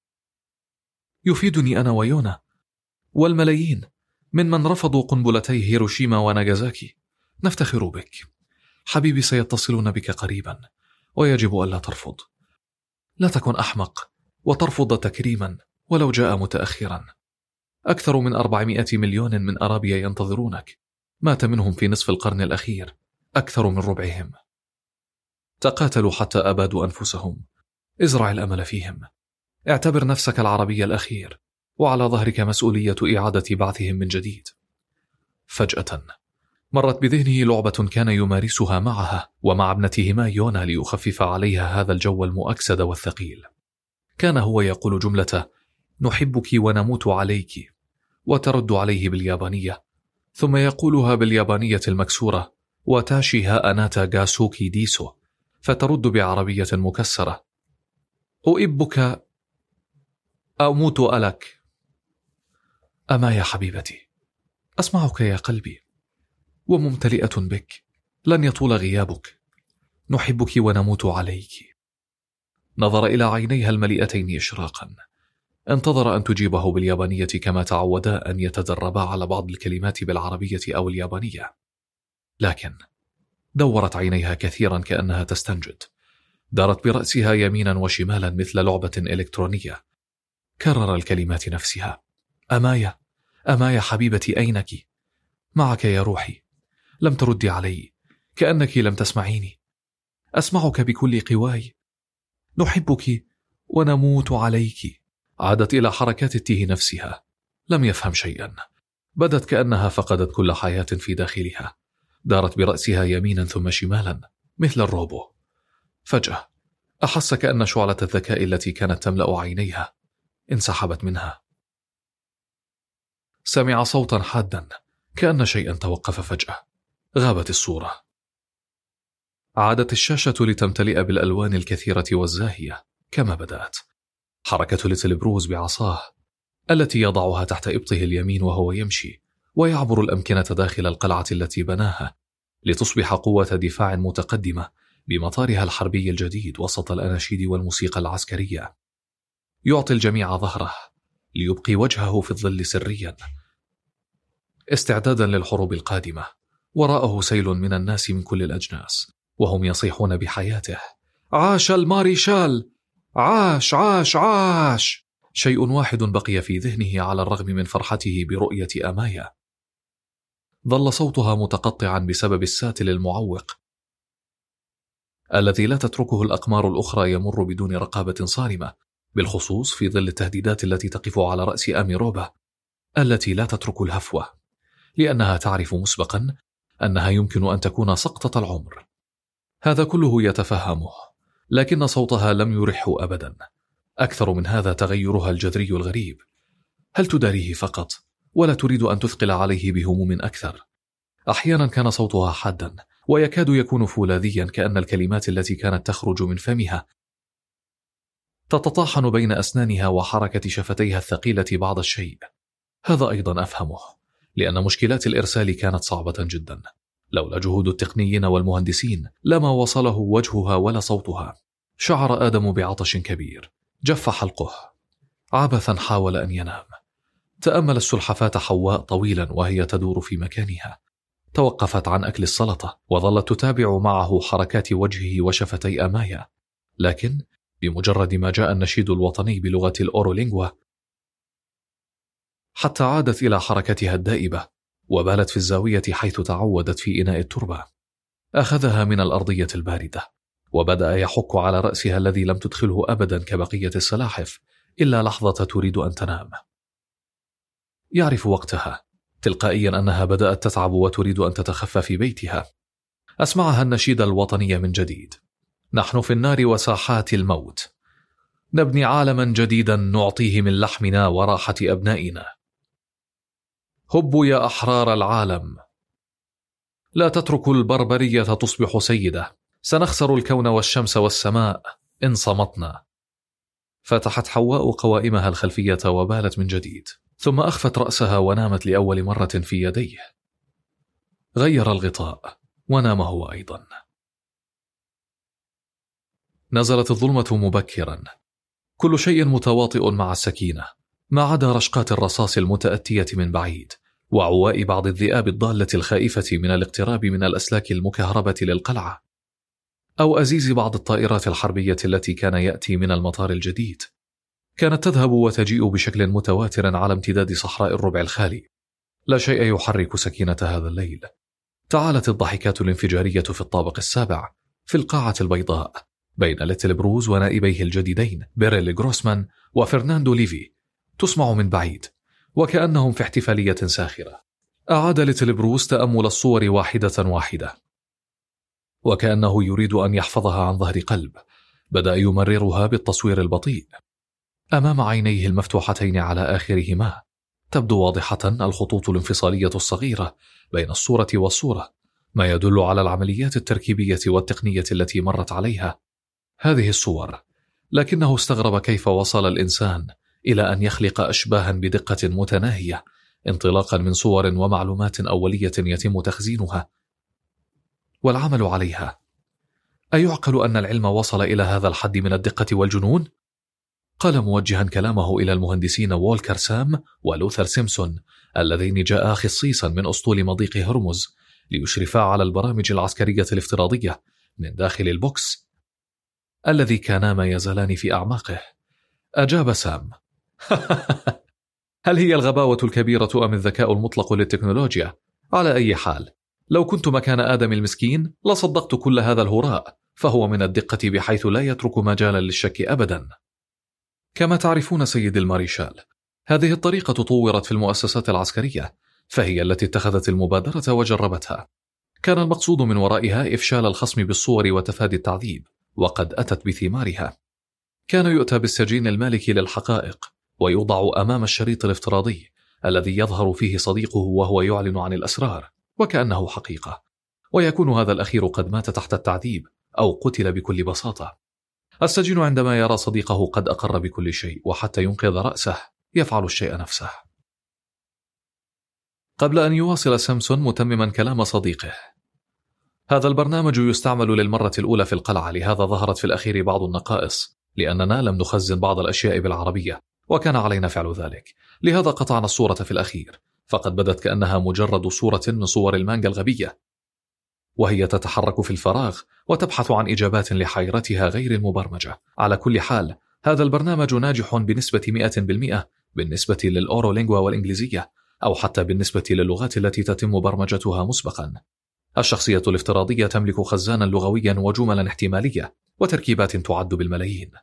يفيدني أنا ويونا والملايين ممن رفضوا قنبلتي هيروشيما وناغازاكي. نفتخر بك حبيبي، سيتصلون بك قريبا، ويجب ألا ترفض. لا تكن أحمق وترفض تكريما ولو جاء متأخرا. أكثر من أربعمائة مليون من أرابيا ينتظرونك، مات منهم في نصف القرن الأخير أكثر من ربعهم. تقاتلوا حتى أبادوا أنفسهم. ازرع الأمل فيهم. اعتبر نفسك العربي الأخير، وعلى ظهرك مسؤولية إعادة بعثهم من جديد. فجأة مرت بذهنه لعبة كان يمارسها معها ومع ابنتهما يونا ليخفف عليها هذا الجو المؤكسد والثقيل. كان هو يقول جملة نحبك ونموت عليك، وترد عليه باليابانية، ثم يقولها باليابانية المكسورة وتاشي ها أناتا غاسوكي ديسو، فترد بعربية مكسرة أحبك أموت ألك. أما يا حبيبتي، أسمعك يا قلبي وممتلئة بك، لن يطول غيابك. نحبك ونموت عليك. نظر إلى عينيها المليئتين إشراقا، انتظر أن تجيبه باليابانية كما تعودا أن يتدربا على بعض الكلمات بالعربية أو اليابانية، لكن دورت عينيها كثيرا كأنها تستنجد، دارت برأسها يمينا وشمالا مثل لعبة إلكترونية. كرر الكلمات نفسها: أمايا، أمايا حبيبتي، أينك؟ معك يا روحي. لم تردي علي، كأنك لم تسمعيني. أسمعك بكل قواي. نحبك ونموت عليك. عادت إلى حركات التيه نفسها. لم يفهم شيئا. بدت كأنها فقدت كل حياة في داخلها. دارت برأسها يمينا ثم شمالا مثل الروبو. فجأة أحس كأن شعلة الذكاء التي كانت تملأ عينيها انسحبت منها. سمع صوتا حادا كأن شيئا توقف فجأة. غابت الصورة. عادت الشاشة لتمتلئ بالألوان الكثيرة والزاهية كما بدأت. حركة ليتل بروز بعصاه التي يضعها تحت إبطه اليمين وهو يمشي ويعبر الأمكنة داخل القلعة التي بناها لتصبح قوة دفاع متقدمة بمطارها الحربي الجديد وسط الأناشيد والموسيقى العسكرية. يعطي الجميع ظهره ليبقي وجهه في الظل سريا استعدادا للحروب القادمة. وراءه سيل من الناس من كل الأجناس وهم يصيحون بحياته: عاش الماريشال، عاش عاش عاش. شيء واحد بقي في ذهنه على الرغم من فرحته برؤية أمايا. ظل صوتها متقطعا بسبب الساتل المعوق الذي لا تتركه الأقمار الأخرى يمر بدون رقابة صارمة، بالخصوص في ظل التهديدات التي تقف على رأس أميروبا التي لا تترك الهفوة، لأنها تعرف مسبقا أنها يمكن أن تكون سقطة العمر. هذا كله يتفهمه، لكن صوتها لم يرحه أبدا. أكثر من هذا تغيرها الجذري الغريب. هل تداريه فقط ولا تريد أن تثقل عليه بهموم أكثر؟ أحيانا كان صوتها حادا ويكاد يكون فولاذيا، كأن الكلمات التي كانت تخرج من فمها تتطاحن بين أسنانها وحركة شفتيها الثقيلة بعض الشيء. هذا أيضا أفهمه، لأن مشكلات الإرسال كانت صعبة جدا. لولا جهود التقنيين والمهندسين لما وصله وجهها ولا صوتها. شعر آدم بعطش كبير. جف حلقه. عبثا حاول أن ينام. تأمل السلحفاة حواء طويلا وهي تدور في مكانها. توقفت عن أكل السلطة وظلت تتابع معه حركات وجهه وشفتي أمايا، لكن بمجرد ما جاء النشيد الوطني بلغة الأورولينغوا حتى عادت إلى حركتها الدائبة وبالت في الزاوية حيث تعودت في إناء التربة. أخذها من الأرضية الباردة وبدأ يحك على رأسها الذي لم تدخله أبدا كبقية السلاحف إلا لحظة تريد أن تنام. يعرف وقتها تلقائيا أنها بدأت تتعب وتريد أن تتخفى في بيتها. أسمعها النشيد الوطني من جديد: نحن في النار وساحات الموت، نبني عالما جديدا نعطيه من لحمنا وراحة أبنائنا. هبوا يا أحرار العالم، لا تتركوا البربرية تصبح سيدة، سنخسر الكون والشمس والسماء إن صمتنا. فتحت حواء قوائمها الخلفية وبالت من جديد، ثم أخفت رأسها ونامت لأول مرة في يديه. غير الغطاء ونام هو أيضا. نزلت الظلمة مبكرا، كل شيء متواطئ مع السكينة ما عدا رشقات الرصاص المتأتية من بعيد وعواء بعض الذئاب الضالة الخائفة من الاقتراب من الأسلاك المكهربة للقلعة، أو أزيز بعض الطائرات الحربية التي كان يأتي من المطار الجديد. كانت تذهب وتجيء بشكل متواتر على امتداد صحراء الربع الخالي. لا شيء يحرك سكينة هذا الليل. تعالت الضحكات الانفجارية في الطابق السابع في القاعة البيضاء بين ليتل بروز ونائبيه الجديدين بيريل غروسمان وفرناندو ليفي، تسمع من بعيد وكأنهم في احتفالية ساخرة. أعاد ليتل بروز تأمل الصور واحدة واحدة وكأنه يريد أن يحفظها عن ظهر قلب. بدأ يمررها بالتصوير البطيء. أمام عينيه المفتوحتين على آخرهما تبدو واضحة الخطوط الانفصالية الصغيرة بين الصورة والصورة، ما يدل على العمليات التركيبية والتقنية التي مرت عليها هذه الصور. لكنه استغرب كيف وصل الإنسان إلى أن يخلق أشباها بدقة متناهية انطلاقا من صور ومعلومات أولية يتم تخزينها والعمل عليها. أيعقل أن العلم وصل إلى هذا الحد من الدقة والجنون؟ قال موجها كلامه إلى المهندسين وولكر سام ولوثر سيمسون اللذين جاءا خصيصا من أسطول مضيق هرمز ليشرفا على البرامج العسكرية الافتراضية من داخل البوكس الذي كانا ما يزالان في أعماقه. أجاب سام: هل هي الغباوة الكبيرة أم الذكاء المطلق للتكنولوجيا؟ على أي حال، لو كنت مكان آدم المسكين لصدقت كل هذا الهراء، فهو من الدقة بحيث لا يترك مجالا للشك أبدا. كما تعرفون سيد الماريشال، هذه الطريقة طورت في المؤسسات العسكرية، فهي التي اتخذت المبادرة وجربتها. كان المقصود من ورائها إفشال الخصم بالصور وتفادي التعذيب، وقد أتت بثمارها. كان يؤتى بالسجين المالكي للحقائق ويوضع أمام الشريط الافتراضي الذي يظهر فيه صديقه وهو يعلن عن الأسرار وكأنه حقيقة، ويكون هذا الأخير قد مات تحت التعذيب أو قتل بكل بساطة. السجين عندما يرى صديقه قد أقر بكل شيء وحتى ينقذ رأسه يفعل الشيء نفسه. قبل أن يواصل سامسون متمما كلام صديقه: هذا البرنامج يستعمل للمرة الأولى في القلعة، لهذا ظهرت في الأخير بعض النقائص، لأننا لم نخزن بعض الأشياء بالعربية وكان علينا فعل ذلك، لهذا قطعنا الصورة في الأخير، فقد بدت كأنها مجرد صورة من صور المانجا الغبية، وهي تتحرك في الفراغ وتبحث عن إجابات لحيرتها غير المبرمجة. على كل حال، هذا البرنامج ناجح بنسبة مئة بالمئة بالنسبة للأورولينغوا والإنجليزية، أو حتى بالنسبة للغات التي تتم برمجتها مسبقا. الشخصية الافتراضية تملك خزانا لغويا وجملا احتمالية وتركيبات تعد بالملايين،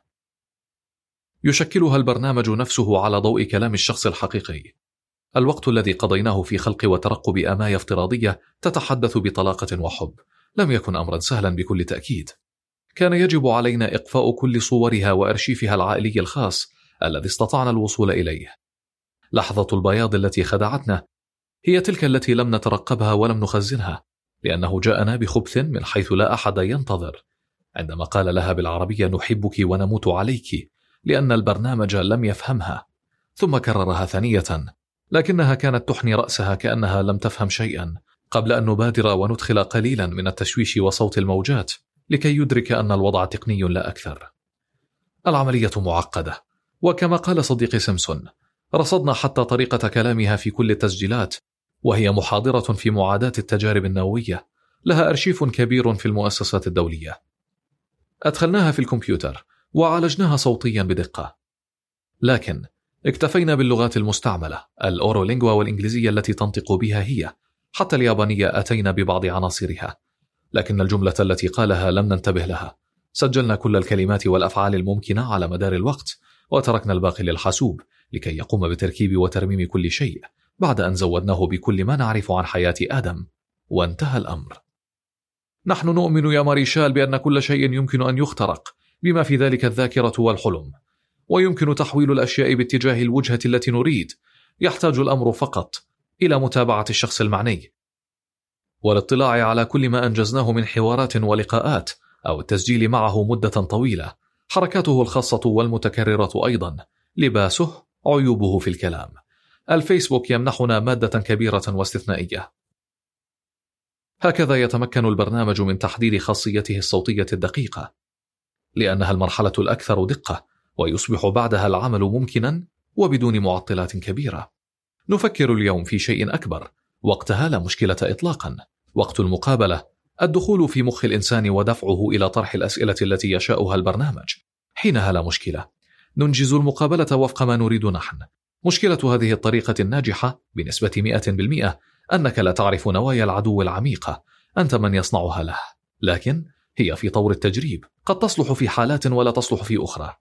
يشكلها البرنامج نفسه على ضوء كلام الشخص الحقيقي. الوقت الذي قضيناه في خلق وترقب آماية افتراضية تتحدث بطلاقة وحب لم يكن أمرا سهلا بكل تأكيد. كان يجب علينا إقفاء كل صورها وأرشيفها العائلي الخاص الذي استطعنا الوصول إليه. لحظة البياض التي خدعتنا هي تلك التي لم نترقبها ولم نخزنها، لأنه جاءنا بخبث من حيث لا أحد ينتظر، عندما قال لها بالعربية: نحبك ونموت عليك، لأن البرنامج لم يفهمها. ثم كررها ثانية، لكنها كانت تحني رأسها كأنها لم تفهم شيئا، قبل أن نبادر وندخل قليلا من التشويش وصوت الموجات لكي يدرك أن الوضع تقني لا أكثر. العملية معقدة، وكما قال صديقي سيمسون، رصدنا حتى طريقة كلامها في كل التسجيلات، وهي محاضرة في معاداة التجارب النووية، لها أرشيف كبير في المؤسسات الدولية. أدخلناها في الكمبيوتر وعالجناها صوتيا بدقة، لكن اكتفينا باللغات المستعملة، الأورولينغوا والإنجليزية التي تنطق بها هي، حتى اليابانية أتينا ببعض عناصرها، لكن الجملة التي قالها لم ننتبه لها. سجلنا كل الكلمات والأفعال الممكنة على مدار الوقت، وتركنا الباقي للحاسوب لكي يقوم بتركيب وترميم كل شيء، بعد أن زودناه بكل ما نعرف عن حياة آدم، وانتهى الأمر. نحن نؤمن يا ماريشال بأن كل شيء يمكن أن يخترق، بما في ذلك الذاكرة والحلم، ويمكن تحويل الأشياء باتجاه الوجهة التي نريد. يحتاج الأمر فقط إلى متابعة الشخص المعني والاطلاع على كل ما أنجزناه من حوارات ولقاءات، أو التسجيل معه مدة طويلة، حركاته الخاصة والمتكررة أيضا، لباسه، عيوبه في الكلام. الفيسبوك يمنحنا مادة كبيرة واستثنائية. هكذا يتمكن البرنامج من تحديد خاصيته الصوتية الدقيقة، لأنها المرحلة الأكثر دقة، ويصبح بعدها العمل ممكنا وبدون معطلات كبيرة. نفكر اليوم في شيء أكبر، وقتها لا مشكلة إطلاقا، وقت المقابلة، الدخول في مخ الإنسان ودفعه إلى طرح الأسئلة التي يشاؤها البرنامج. حينها لا مشكلة، ننجز المقابلة وفق ما نريد نحن. مشكلة هذه الطريقة الناجحة بنسبة مئة بالمئة أنك لا تعرف نوايا العدو العميقة، أنت من يصنعها له، لكن هي في طور التجريب، قد تصلح في حالات ولا تصلح في أخرى.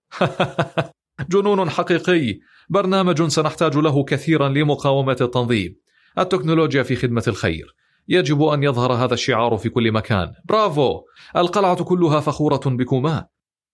جنون حقيقي، برنامج سنحتاج له كثيرا لمقاومة التنظيم. التكنولوجيا في خدمة الخير، يجب أن يظهر هذا الشعار في كل مكان. برافو، القلعة كلها فخورة بكما.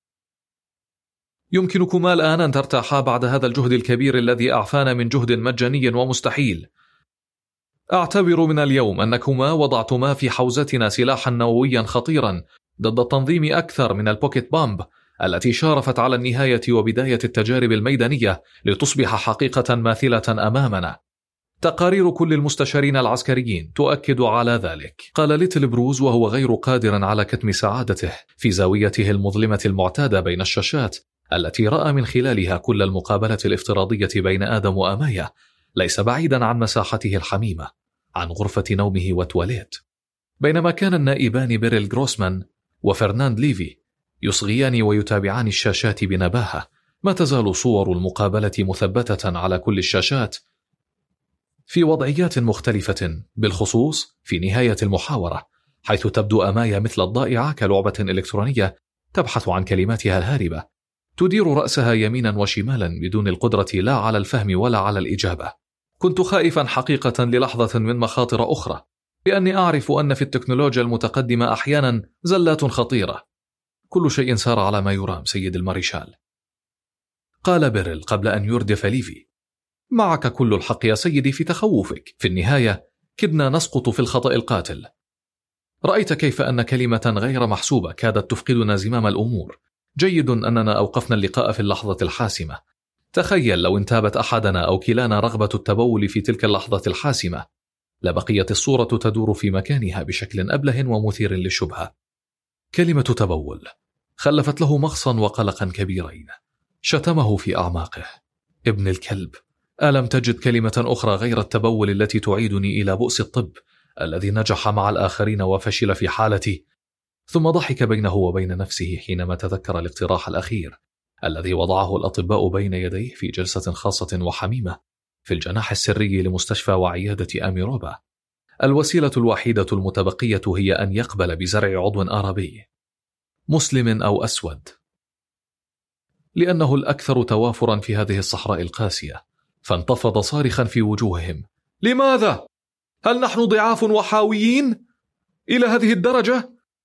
يمكنكما الآن أن ترتاحا بعد هذا الجهد الكبير الذي أعفانا من جهد مجاني ومستحيل. أعتبر من اليوم أنكما وضعتما في حوزتنا سلاحا نوويا خطيرا ضد التنظيم أكثر من البوكيت بامب التي شارفت على النهاية وبداية التجارب الميدانية لتصبح حقيقة ماثلة أمامنا. تقارير كل المستشارين العسكريين تؤكد على ذلك، قال ليتل بروز وهو غير قادر على كتم سعادته في زاويته المظلمة المعتادة بين الشاشات التي رأى من خلالها كل المقابلة الافتراضية بين آدم وآماية، ليس بعيدا عن مساحته الحميمة. عن غرفة نومه وتواليت. بينما كان النائبان بيريل غروسمان وفرناند ليفي يصغيان ويتابعان الشاشات بنباهة، ما تزال صور المقابلة مثبتة على كل الشاشات في وضعيات مختلفة، بالخصوص في نهاية المحاورة، حيث تبدو أمايا مثل الضائعة كلعبة إلكترونية تبحث عن كلماتها الهاربة، تدير رأسها يمينا وشمالا بدون القدرة لا على الفهم ولا على الإجابة. كنت خائفا حقيقة للحظة من مخاطر أخرى، لأني أعرف أن في التكنولوجيا المتقدمة أحيانا زلات خطيرة. كل شيء سار على ما يرام سيد الماريشال، قال بيريل قبل أن يردف ليفي. معك كل الحق يا سيدي في تخوفك، في النهاية كدنا نسقط في الخطأ القاتل. رأيت كيف أن كلمة غير محسوبة كادت تفقدنا زمام الأمور. جيد أننا أوقفنا اللقاء في اللحظة الحاسمة. تخيل لو انتابت أحدنا أو كلانا رغبة التبول في تلك اللحظة الحاسمة، لبقيت الصورة تدور في مكانها بشكل أبله ومثير للشبهة. كلمة تبول خلفت له مغصا وقلقا كبيرين. شتمه في أعماقه: ابن الكلب، ألم تجد كلمة أخرى غير التبول التي تعيدني إلى بؤس الطب الذي نجح مع الآخرين وفشل في حالتي؟ ثم ضحك بينه وبين نفسه حينما تذكر الاقتراح الأخير الذي وضعه الأطباء بين يديه في جلسة خاصة وحميمة في الجناح السري لمستشفى وعيادة أميروبا. الوسيلة الوحيدة المتبقية هي أن يقبل بزرع عضو آرابي، مسلم أو أسود، لأنه الأكثر توافرا في هذه الصحراء القاسية. فانتفض صارخا في وجوههم: لماذا؟ هل نحن ضعاف وحاويين إلى هذه الدرجة؟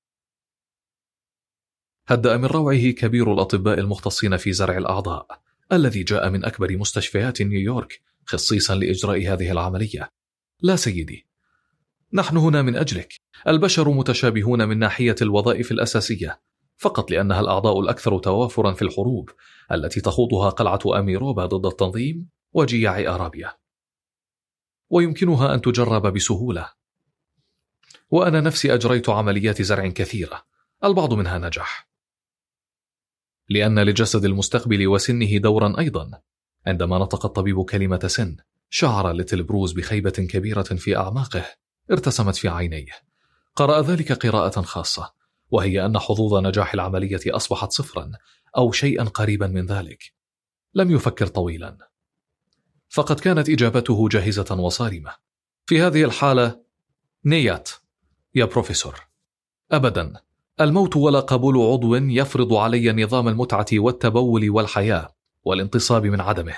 هدأ من روعه كبير الأطباء المختصين في زرع الأعضاء الذي جاء من أكبر مستشفيات نيويورك خصيصا لإجراء هذه العملية. لا سيدي، نحن هنا من أجلك. البشر متشابهون من ناحية الوظائف الأساسية، فقط لأنها الأعضاء الأكثر توافرا في الحروب التي تخوضها قلعة أميروبا ضد التنظيم وجياع أرابيا، ويمكنها أن تجرب بسهولة. وأنا نفسي أجريت عمليات زرع كثيرة، البعض منها نجح، لأن لجسد المستقبل وسنه دورا أيضا. عندما نطق الطبيب كلمة سن، شعر ليتل بروز بخيبة كبيرة في أعماقه ارتسمت في عينيه. قرأ ذلك قراءة خاصة، وهي أن حظوظ نجاح العملية أصبحت صفرا أو شيئا قريبا من ذلك. لم يفكر طويلا، فقد كانت إجابته جاهزة وصارمة. في هذه الحالة نيات يا بروفيسور، أبدا. الموت ولا قبول عضو يفرض علي نظام المتعة والتبول والحياة والانتصاب من عدمه.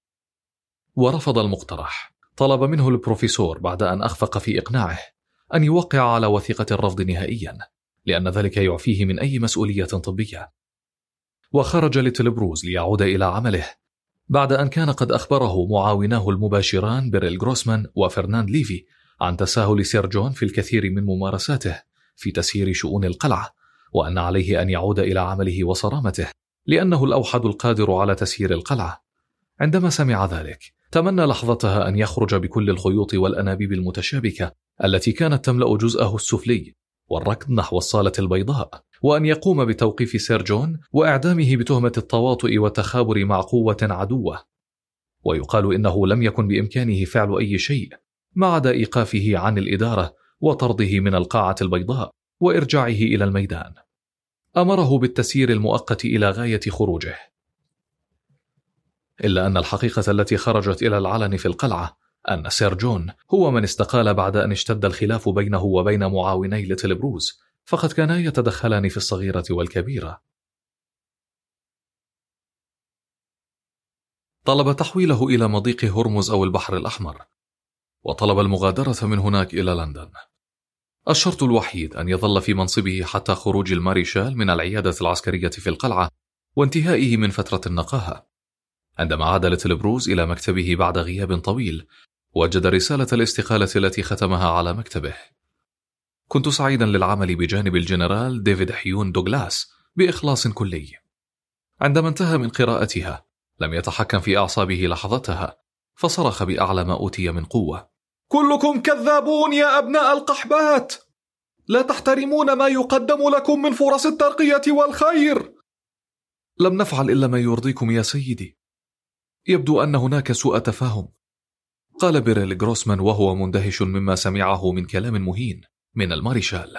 ورفض المقترح. طلب منه البروفيسور بعد أن أخفق في إقناعه أن يوقع على وثيقة الرفض نهائيا، لأن ذلك يعفيه من أي مسؤولية طبية. وخرج ليتل بروز ليعود إلى عمله بعد أن كان قد أخبره معاوناه المباشران بيريل غروسمان وفرناند ليفي عن تساهل سير جون في الكثير من ممارساته في تسيير شؤون القلعة، وأن عليه أن يعود إلى عمله وصرامته لأنه الأوحد القادر على تسيير القلعة. عندما سمع ذلك تمنى لحظتها أن يخرج بكل الخيوط والأنابيب المتشابكة التي كانت تملأ جزءه السفلي والركض نحو الصالة البيضاء، وأن يقوم بتوقيف سير جون وإعدامه بتهمة التواطؤ والتخابر مع قوة عدوة. ويقال إنه لم يكن بإمكانه فعل أي شيء ما عدا إيقافه عن الإدارة وطرده من القاعة البيضاء وإرجاعه إلى الميدان. أمره بالتسيير المؤقت إلى غاية خروجه. إلا أن الحقيقة التي خرجت إلى العلن في القلعة أن سير جون هو من استقال بعد أن اشتد الخلاف بينه وبين معاوني ليتل بروز، فقد كانا يتدخلان في الصغيرة والكبيرة. طلب تحويله إلى مضيق هرمز أو البحر الأحمر، وطلب المغادرة من هناك إلى لندن. الشرط الوحيد أن يظل في منصبه حتى خروج الماريشال من العيادة العسكرية في القلعة وانتهائه من فترة النقاهة. عندما عاد ليتل بروز إلى مكتبه بعد غياب طويل، وجد رسالة الاستقالة التي ختمها على مكتبه. كنت سعيدا للعمل بجانب الجنرال ديفيد حيون دوغلاس بإخلاص كلي. عندما انتهى من قراءتها لم يتحكم في أعصابه لحظتها، فصرخ بأعلى ما أوتي من قوة: كلكم كذابون يا أبناء القحبات! لا تحترمون ما يقدم لكم من فرص الترقية والخير. لم نفعل إلا ما يرضيكم يا سيدي. يبدو أن هناك سوء تفاهم. قال بيريل غروسمان وهو مندهش مما سمعه من كلام مهين من الماريشال.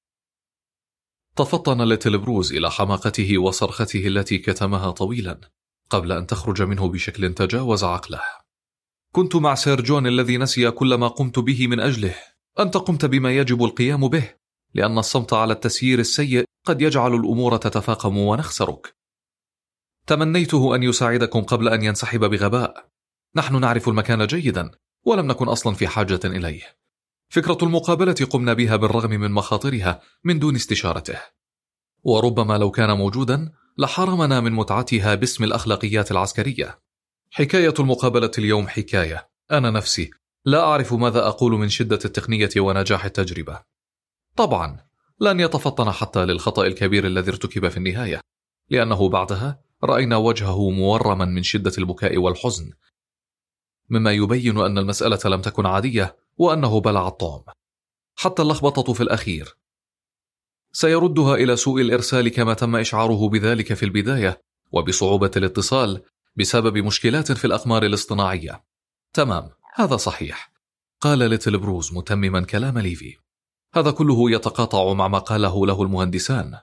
تفطن ليتل بروز إلى حماقته وصرخته التي كتمها طويلا قبل أن تخرج منه بشكل تجاوز عقله. كنت مع سير جون الذي نسي كل ما قمت به من أجله. أنت قمت بما يجب القيام به، لأن الصمت على التسيير السيء قد يجعل الأمور تتفاقم ونخسرك. تمنيته أن يساعدكم قبل أن ينسحب بغباء. نحن نعرف المكان جيدا ولم نكن أصلا في حاجة إليه. فكرة المقابلة قمنا بها بالرغم من مخاطرها من دون استشارته، وربما لو كان موجودا لحرمنا من متعتها باسم الأخلاقيات العسكرية. حكاية المقابلة اليوم حكاية. أنا نفسي لا أعرف ماذا أقول من شدة التقنية ونجاح التجربة. طبعا لن يتفطن حتى للخطأ الكبير الذي ارتكب في النهاية، لأنه بعدها رأينا وجهه مورما من شدة البكاء والحزن، مما يبين أن المسألة لم تكن عادية وأنه بلع الطعم. حتى اللخبطة في الأخير سيردها إلى سوء الإرسال كما تم إشعاره بذلك في البداية، وبصعوبة الاتصال بسبب مشكلات في الأقمار الاصطناعية. تمام، هذا صحيح، قال ليتل بروز متمما كلام ليفي. هذا كله يتقاطع مع ما قاله له المهندسان.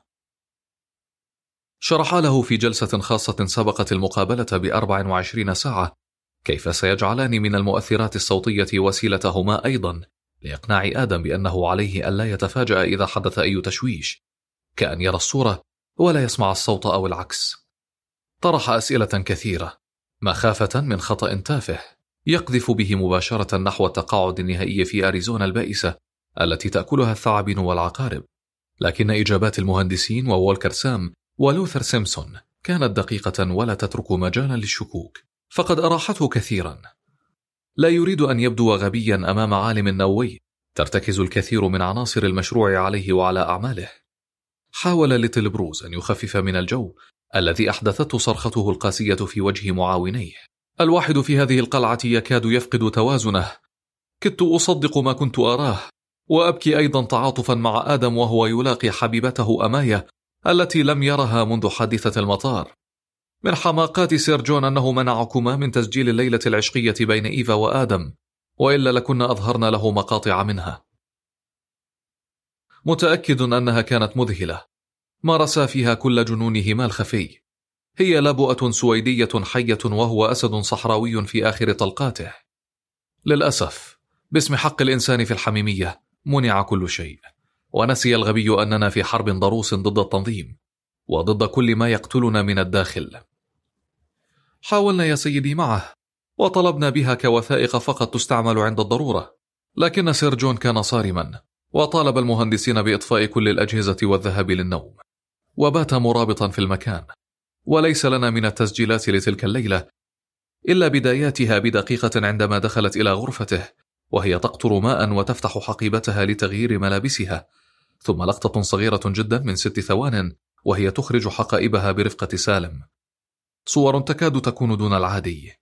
شرحا له في جلسة خاصة سبقت المقابلة بأربع وعشرين ساعة كيف سيجعلان من المؤثرات الصوتية وسيلتهما أيضا لإقناع آدم بأنه عليه ألا يتفاجأ إذا حدث أي تشويش، كأن يرى الصورة ولا يسمع الصوت أو العكس. طرح أسئلة كثيرة مخافة من خطأ تافه يقذف به مباشرة نحو التقاعد النهائي في أريزونا البائسة التي تأكلها الثعابين والعقارب، لكن إجابات المهندسين ووالكر سام ولوثر سيمسون كانت دقيقة ولا تترك مجالا للشكوك، فقد أراحته كثيرا. لا يريد أن يبدو غبيا أمام عالم نووي ترتكز الكثير من عناصر المشروع عليه وعلى أعماله. حاول ليتل بروز أن يخفف من الجو الذي أحدثته صرخته القاسية في وجه معاونيه. الواحد في هذه القلعة يكاد يفقد توازنه. كدت أصدق ما كنت أراه، وأبكي أيضا تعاطفا مع آدم وهو يلاقي حبيبته أمايا التي لم يرها منذ حادثة المطار. من حماقات سير جون أنه منعكما من تسجيل الليلة العشقية بين إيفا وآدم، وإلا لكنا أظهرنا له مقاطع منها. متأكد أنها كانت مذهلة، مارس فيها كل جنونهما الخفي. هي لبؤة سويدية حية وهو أسد صحراوي في آخر طلقاته. للأسف باسم حق الإنسان في الحميمية منع كل شيء، ونسي الغبي أننا في حرب ضروس ضد التنظيم وضد كل ما يقتلنا من الداخل. حاولنا يا سيدي معه وطلبنا بها كوثائق فقط تستعمل عند الضرورة، لكن سير جون كان صارما وطالب المهندسين بإطفاء كل الأجهزة والذهاب للنوم، وبات مرابطا في المكان. وليس لنا من التسجيلات لتلك الليلة إلا بداياتها بدقيقة عندما دخلت إلى غرفته وهي تقطر ماء وتفتح حقيبتها لتغيير ملابسها، ثم لقطة صغيرة جدا من ست ثوان وهي تخرج حقائبها برفقة سالم. صور تكاد تكون دون العادي.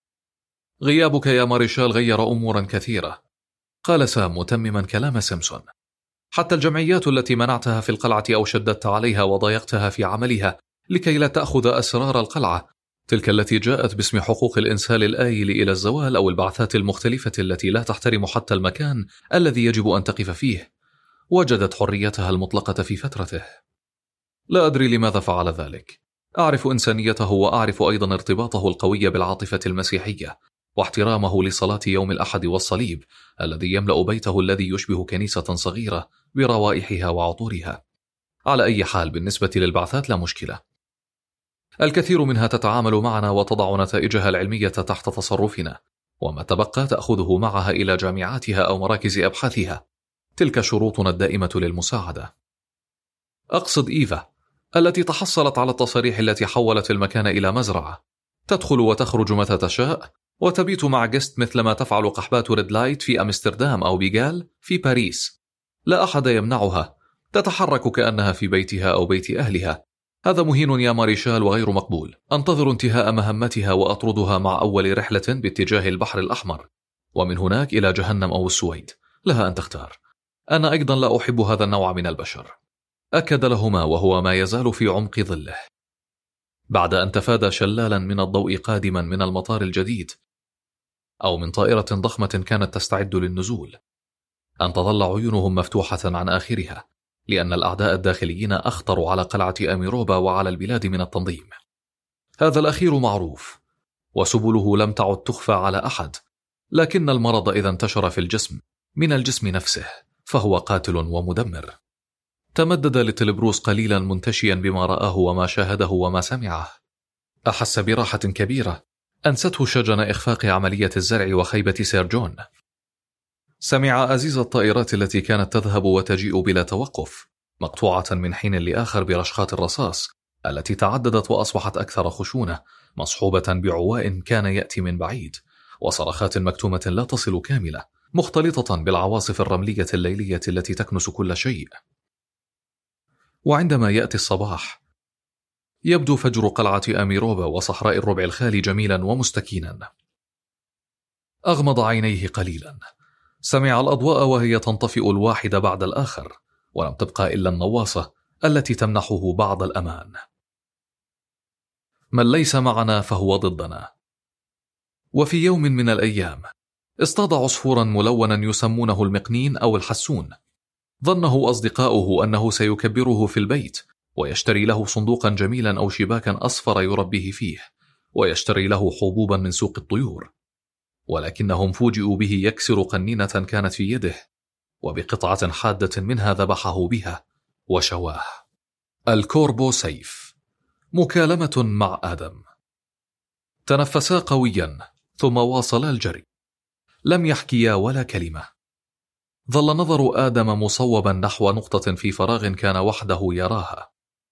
غيابك يا ماريشال غير أمورا كثيرة، قال سام متمما كلام سيمسون. حتى الجمعيات التي منعتها في القلعة أو شددت عليها وضايقتها في عملها لكي لا تأخذ أسرار القلعة، تلك التي جاءت باسم حقوق الإنسان الآيل إلى الزوال أو البعثات المختلفة التي لا تحترم حتى المكان الذي يجب أن تقف فيه، وجدت حريتها المطلقة في فترته. لا أدري لماذا فعل ذلك. أعرف إنسانيته وأعرف أيضا ارتباطه القوي بالعاطفة المسيحية واحترامه لصلاة يوم الأحد والصليب الذي يملأ بيته الذي يشبه كنيسة صغيرة بروائحها وعطورها. على أي حال بالنسبة للبعثات لا مشكلة، الكثير منها تتعامل معنا وتضع نتائجها العلمية تحت تصرفنا، وما تبقى تأخذه معها إلى جامعاتها أو مراكز أبحاثها. تلك شروطنا الدائمة للمساعدة. أقصد إيفا التي تحصلت على التصاريح التي حولت المكان إلى مزرعة، تدخل وتخرج متى تشاء وتبيت مع جست مثلما تفعل قحبات ريد لايت في أمستردام أو بيغال في باريس. لا أحد يمنعها، تتحرك كأنها في بيتها أو بيت أهلها. هذا مهين يا ماريشال وغير مقبول. أنتظر انتهاء مهمتها وأطردها مع أول رحلة باتجاه البحر الأحمر، ومن هناك إلى جهنم أو السويد، لها أن تختار. أنا أيضا لا أحب هذا النوع من البشر، أكد لهما وهو ما يزال في عمق ظله. بعد أن تفادى شلالا من الضوء قادما من المطار الجديد، أو من طائرة ضخمة كانت تستعد للنزول، أن تظل عيونهم مفتوحة عن آخرها، لأن الأعداء الداخليين أخطروا على قلعة أميروبا وعلى البلاد من التنظيم. هذا الأخير معروف، وسبله لم تعد تخفى على أحد، لكن المرض إذا انتشر في الجسم من الجسم نفسه فهو قاتل ومدمر. تمدد لتلبروس قليلا منتشيا بما رآه وما شاهده وما سمعه. أحس براحة كبيرة أنسته شجن إخفاق عملية الزرع وخيبة سير جون. سمع أزيز الطائرات التي كانت تذهب وتجيء بلا توقف، مقطوعة من حين لآخر برشقات الرصاص التي تعددت وأصبحت أكثر خشونة، مصحوبة بعواء كان يأتي من بعيد، وصرخات مكتومة لا تصل كاملة، مختلطة بالعواصف الرملية الليلية التي تكنس كل شيء. وعندما يأتي الصباح يبدو فجر قلعة أميروبا وصحراء الربع الخالي جميلا ومستكينا. أغمض عينيه قليلا، سمع الأضواء وهي تنطفئ الواحد بعد الآخر، ولم تبقى إلا النواصة التي تمنحه بعض الأمان. من ليس معنا فهو ضدنا. وفي يوم من الأيام اصطاد عصفورا ملونا يسمونه المقنين أو الحسون. ظنه أصدقاؤه أنه سيكبره في البيت ويشتري له صندوقا جميلا أو شباكا أصفر يربيه فيه، ويشتري له حبوبا من سوق الطيور، ولكنهم فوجئوا به يكسر قنينة كانت في يده، وبقطعة حادة منها ذبحه بها وشواه. الكوربو سيف. مكالمة مع آدم. تنفسا قويا ثم واصلا الجري. لم يحكيا ولا كلمة. ظل نظر آدم مصوبا نحو نقطة في فراغ كان وحده يراها.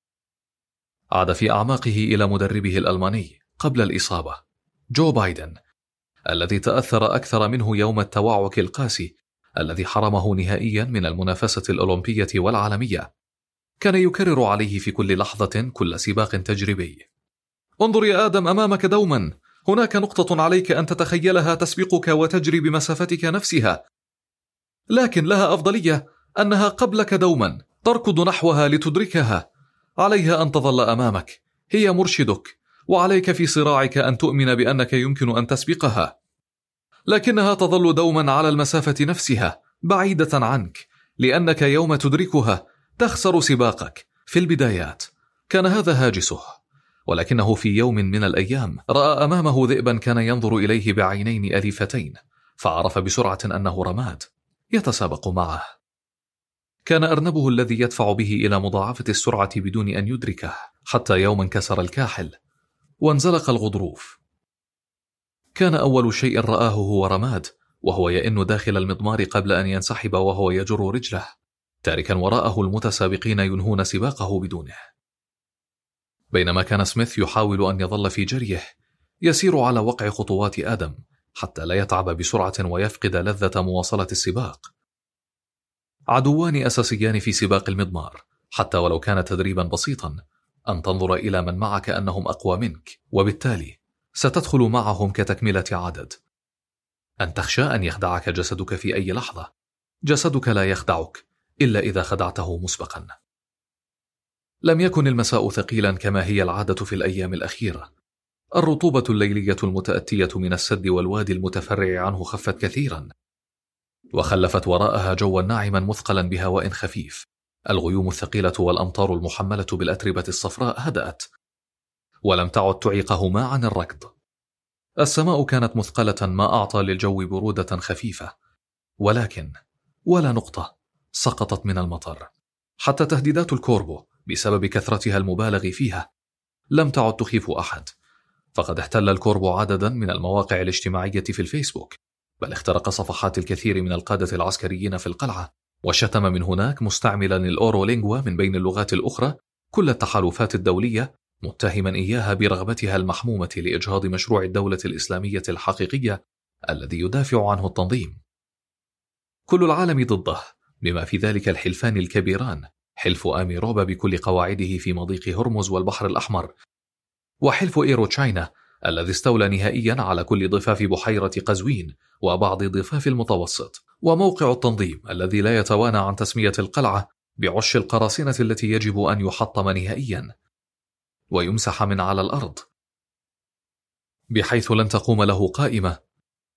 عاد في أعماقه إلى مدربه الألماني قبل الإصابة، جو بايدن، الذي تأثر أكثر منه يوم التوعك القاسي الذي حرمه نهائيا من المنافسة الأولمبية والعالمية. كان يكرر عليه في كل لحظة كل سباق تجريبي: انظر يا آدم أمامك دوما، هناك نقطة عليك أن تتخيلها تسبقك وتجري بمسافتك نفسها، لكن لها أفضلية أنها قبلك دوما، تركض نحوها لتدركها. عليها أن تظل أمامك، هي مرشدك، وعليك في صراعك أن تؤمن بأنك يمكن أن تسبقها، لكنها تظل دوما على المسافة نفسها بعيدة عنك، لأنك يوم تدركها تخسر سباقك. في البدايات كان هذا هاجسه، ولكنه في يوم من الأيام رأى أمامه ذئبا كان ينظر إليه بعينين أليفتين، فعرف بسرعة أنه رماد يتسابق معه. كان أرنبه الذي يدفع به إلى مضاعفة السرعة بدون أن يدركه، حتى يوم انكسر الكاحل وانزلق الغضروف. كان أول شيء رآه هو رماد وهو يئن داخل المضمار قبل أن ينسحب وهو يجر رجله، تاركا وراءه المتسابقين ينهون سباقه بدونه. بينما كان سميث يحاول أن يظل في جريه، يسير على وقع خطوات آدم حتى لا يتعب بسرعة ويفقد لذة مواصلة السباق. عدوان أساسيان في سباق المضمار، حتى ولو كان تدريبا بسيطا، أن تنظر إلى من معك أنهم أقوى منك، وبالتالي ستدخل معهم كتكملة عدد. أن تخشى أن يخدعك جسدك في أي لحظة. جسدك لا يخدعك إلا إذا خدعته مسبقا. لم يكن المساء ثقيلا كما هي العادة في الأيام الأخيرة. الرطوبة الليلية المتأتية من السد والوادي المتفرع عنه خفت كثيرا، وخلفت وراءها جوا ناعما مثقلا بهواء خفيف. الغيوم الثقيلة والأمطار المحملة بالأتربة الصفراء هدأت، ولم تعد تعيقهما عن الركض. السماء كانت مثقلة ما أعطى للجو برودة خفيفة، ولكن ولا نقطة سقطت من المطر. حتى تهديدات الكوربو بسبب كثرتها المبالغ فيها لم تعد تخيف أحد، فقد احتل الكوربو عددا من المواقع الاجتماعية في الفيسبوك، بل اخترق صفحات الكثير من القادة العسكريين في القلعة، وشتم من هناك مستعملا الأورولينغوا من بين اللغات الأخرى كل التحالفات الدولية، متهما إياها برغبتها المحمومة لإجهاض مشروع الدولة الإسلامية الحقيقية الذي يدافع عنه التنظيم. كل العالم ضده، بما في ذلك الحلفان الكبيران، حلف أميروبا بكل قواعده في مضيق هرمز والبحر الأحمر، وحلف إيرو تشاينا الذي استولى نهائيا على كل ضفاف بحيرة قزوين وبعض ضفاف المتوسط، وموقع التنظيم الذي لا يتوانى عن تسمية القلعة بعش القراصنة التي يجب أن يحطم نهائيا ويمسح من على الأرض، بحيث لن تقوم له قائمة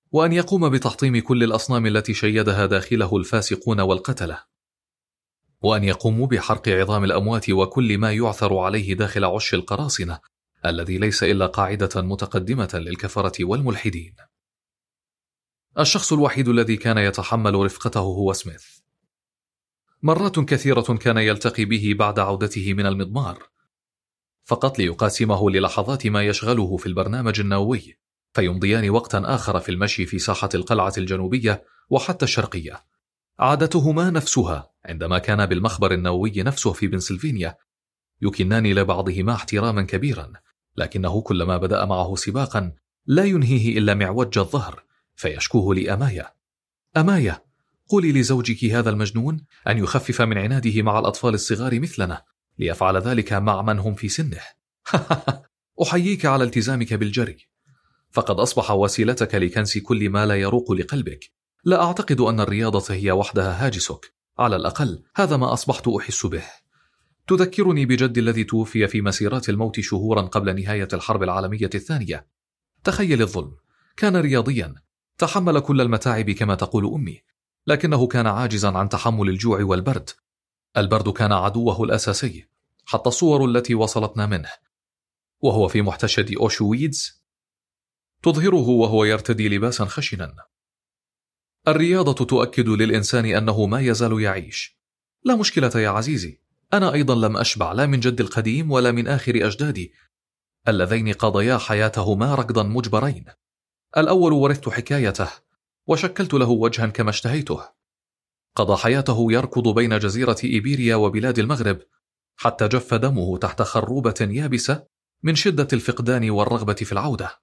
وأن يقوم بتحطيم كل الأصنام التي شيدها داخله الفاسقون والقتلة، وأن يقوموا بحرق عظام الأموات وكل ما يعثر عليه داخل عش القراصنة الذي ليس إلا قاعدة متقدمة للكفرة والملحدين. الشخص الوحيد الذي كان يتحمل رفقته هو سميث. مرات كثيرة كان يلتقي به بعد عودته من المضمار فقط ليقاسمه للحظات ما يشغله في البرنامج النووي، فيمضيان وقتا آخر في المشي في ساحة القلعة الجنوبية وحتى الشرقية. عادتهما نفسها عندما كان بالمخبر النووي نفسه في بنسلفانيا، يكنان لبعضهما احتراما كبيرا، لكنه كلما بدأ معه سباقا لا ينهيه إلا معوج الظهر فيشكوه لأماية: أماية، قولي لزوجك هذا المجنون أن يخفف من عناده مع الأطفال الصغار مثلنا ليفعل ذلك مع من هم في سنه. أحييك على التزامك بالجري، فقد أصبح وسيلتك لكنس كل ما لا يروق لقلبك. لا أعتقد أن الرياضة هي وحدها هاجسك، على الأقل هذا ما أصبحت أحس به. تذكرني بجدي الذي توفي في مسيرات الموت شهورا قبل نهاية الحرب العالمية الثانية. تخيل الظلم، كان رياضيا، تحمل كل المتاعب كما تقول أمي، لكنه كان عاجزا عن تحمل الجوع والبرد. البرد كان عدوه الأساسي، حتى الصور التي وصلتنا منه وهو في محتشد أوشويتز تظهره وهو يرتدي لباسا خشنا. الرياضة تؤكد للإنسان أنه ما يزال يعيش. لا مشكلة يا عزيزي، أنا أيضا لم أشبع لا من جد القديم ولا من آخر أجدادي اللذين قضيا حياتهما ركضا مجبرين. الأول ورثت حكايته وشكلت له وجها كما اشتهيته. قضى حياته يركض بين جزيرة إيبيريا وبلاد المغرب حتى جف دمه تحت خروبة يابسة من شدة الفقدان والرغبة في العودة.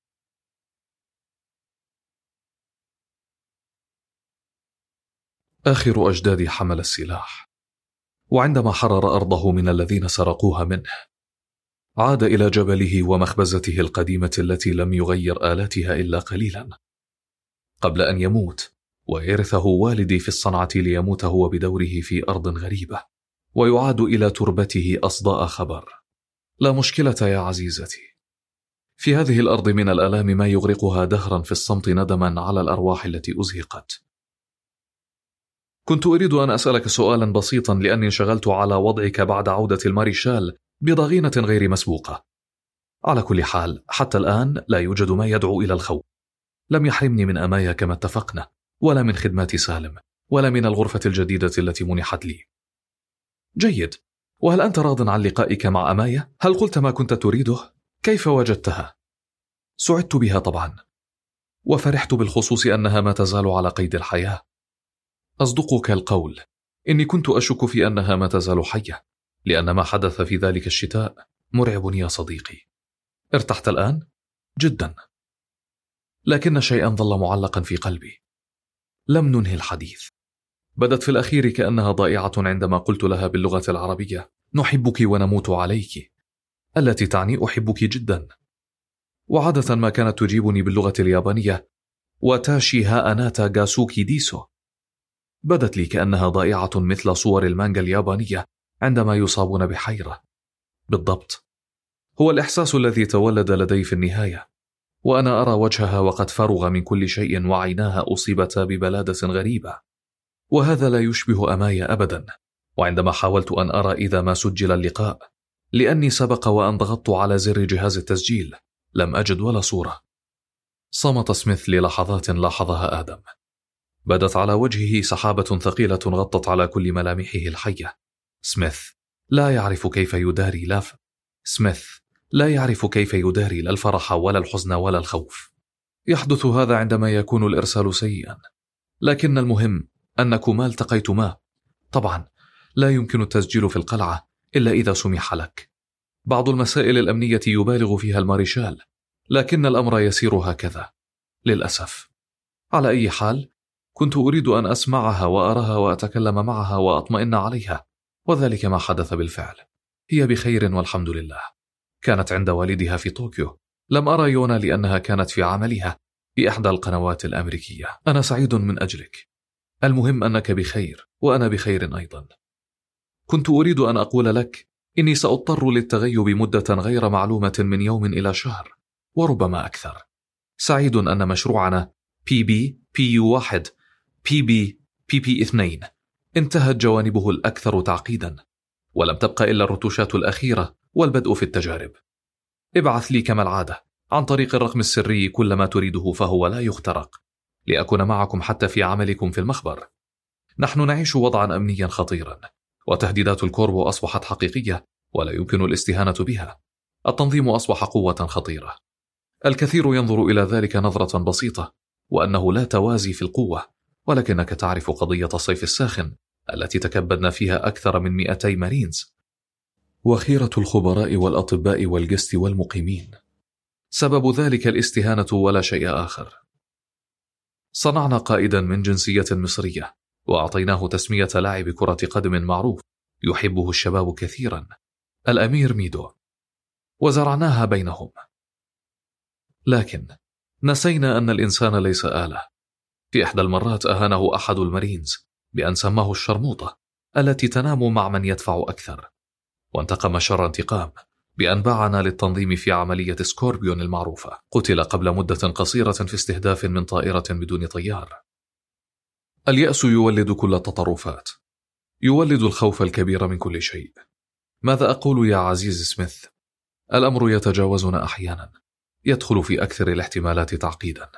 آخر أجدادي حمل السلاح، وعندما حرر أرضه من الذين سرقوها منه عاد إلى جبله ومخبزته القديمة التي لم يغير آلاتها إلا قليلا قبل أن يموت ويرثه والدي في الصنعة ليموت هو بدوره في أرض غريبة ويعاد إلى تربته أصداء خبر. لا مشكلة يا عزيزتي، في هذه الأرض من الآلام ما يغرقها دهرا في الصمت ندما على الأرواح التي أزهقت. كنت أريد أن أسألك سؤالا بسيطا لأني انشغلت على وضعك بعد عودة الماريشال بضغينة غير مسبوقة. على كل حال حتى الآن لا يوجد ما يدعو إلى الخوف. لم يحرمني من أمايا كما اتفقنا، ولا من خدمات سالم، ولا من الغرفة الجديدة التي منحت لي. جيد، وهل أنت راض عن لقائك مع أمايا؟ هل قلت ما كنت تريده؟ كيف وجدتها؟ سعدت بها طبعا، وفرحت بالخصوص أنها ما تزال على قيد الحياة. أصدقك القول، إني كنت أشك في أنها ما تزال حية، لأن ما حدث في ذلك الشتاء مرعب يا صديقي. ارتحت الآن؟ جدا، لكن شيئا ظل معلقا في قلبي. لم ننهي الحديث. بدت في الأخير كأنها ضائعة عندما قلت لها باللغة العربية: نحبك ونموت عليك، التي تعني أحبك جدا. وعادة ما كانت تجيبني باللغة اليابانية: واتاشي ها أناتا غاسوكي ديسو. بدت لي كأنها ضائعة مثل صور المانجا اليابانية عندما يصابون بحيرة. بالضبط، هو الإحساس الذي تولد لدي في النهاية، وأنا أرى وجهها وقد فرغ من كل شيء وعيناها أصيبتا ببلادة غريبة. وهذا لا يشبه أمايا أبدا. وعندما حاولت أن أرى إذا ما سجل اللقاء، لأني سبق وأن ضغطت على زر جهاز التسجيل، لم أجد ولا صورة. صمت سميث للحظات لاحظها آدم. بدت على وجهه سحابة ثقيلة غطت على كل ملامحه الحية. سميث لا يعرف كيف يداري لا ف... سميث لا يعرف كيف يداري لا الفرح ولا الحزن ولا الخوف. يحدث هذا عندما يكون الإرسال سيئا، لكن المهم أنكما التقيتما. طبعا لا يمكن التسجيل في القلعة إلا إذا سمح لك. بعض المسائل الأمنية يبالغ فيها الماريشال، لكن الأمر يسير هكذا للأسف. على أي حال، كنت أريد أن أسمعها وأراها وأتكلم معها وأطمئن عليها، وذلك ما حدث بالفعل. هي بخير والحمد لله. كانت عند والدها في طوكيو. لم أرى يونا لأنها كانت في عملها بإحدى القنوات الأمريكية. أنا سعيد من أجلك. المهم أنك بخير وأنا بخير أيضا. كنت أريد أن أقول لك إني سأضطر للتغيب مدة غير معلومة من يوم إلى شهر وربما أكثر. سعيد أن مشروعنا بي بي بي يو واحد بي بي بي بي اثنين انتهت جوانبه الأكثر تعقيدا، ولم تبقى إلا الرتوشات الأخيرة والبدء في التجارب. ابعث لي كما العادة عن طريق الرقم السري كل ما تريده، فهو لا يخترق، لأكون معكم حتى في عملكم في المخبر. نحن نعيش وضعا أمنيا خطيرا، وتهديدات الكوربو أصبحت حقيقية ولا يمكن الاستهانة بها. التنظيم أصبح قوة خطيرة. الكثير ينظر إلى ذلك نظرة بسيطة، وأنه لا توازي في القوة، ولكنك تعرف قضية الصيف الساخن التي تكبدنا فيها أكثر من مئتي مارينز، وخيرة الخبراء والأطباء والجست والمقيمين. سبب ذلك الاستهانة ولا شيء آخر. صنعنا قائدا من جنسية مصرية، وأعطيناه تسمية لاعب كرة قدم معروف يحبه الشباب كثيرا، الأمير ميدو، وزرعناها بينهم. لكن نسينا أن الإنسان ليس آلة. في إحدى المرات أهانه أحد المارينز بأن سماه الشرموطة التي تنام مع من يدفع أكثر، وانتقم شر انتقام بأن باعنا للتنظيم في عملية سكوربيون المعروفة. قتل قبل مدة قصيرة في استهداف من طائرة بدون طيار. اليأس يولد كل التطرفات، يولد الخوف الكبير من كل شيء. ماذا أقول يا عزيز سميث؟ الأمر يتجاوزنا أحيانا، يدخل في أكثر الاحتمالات تعقيدا.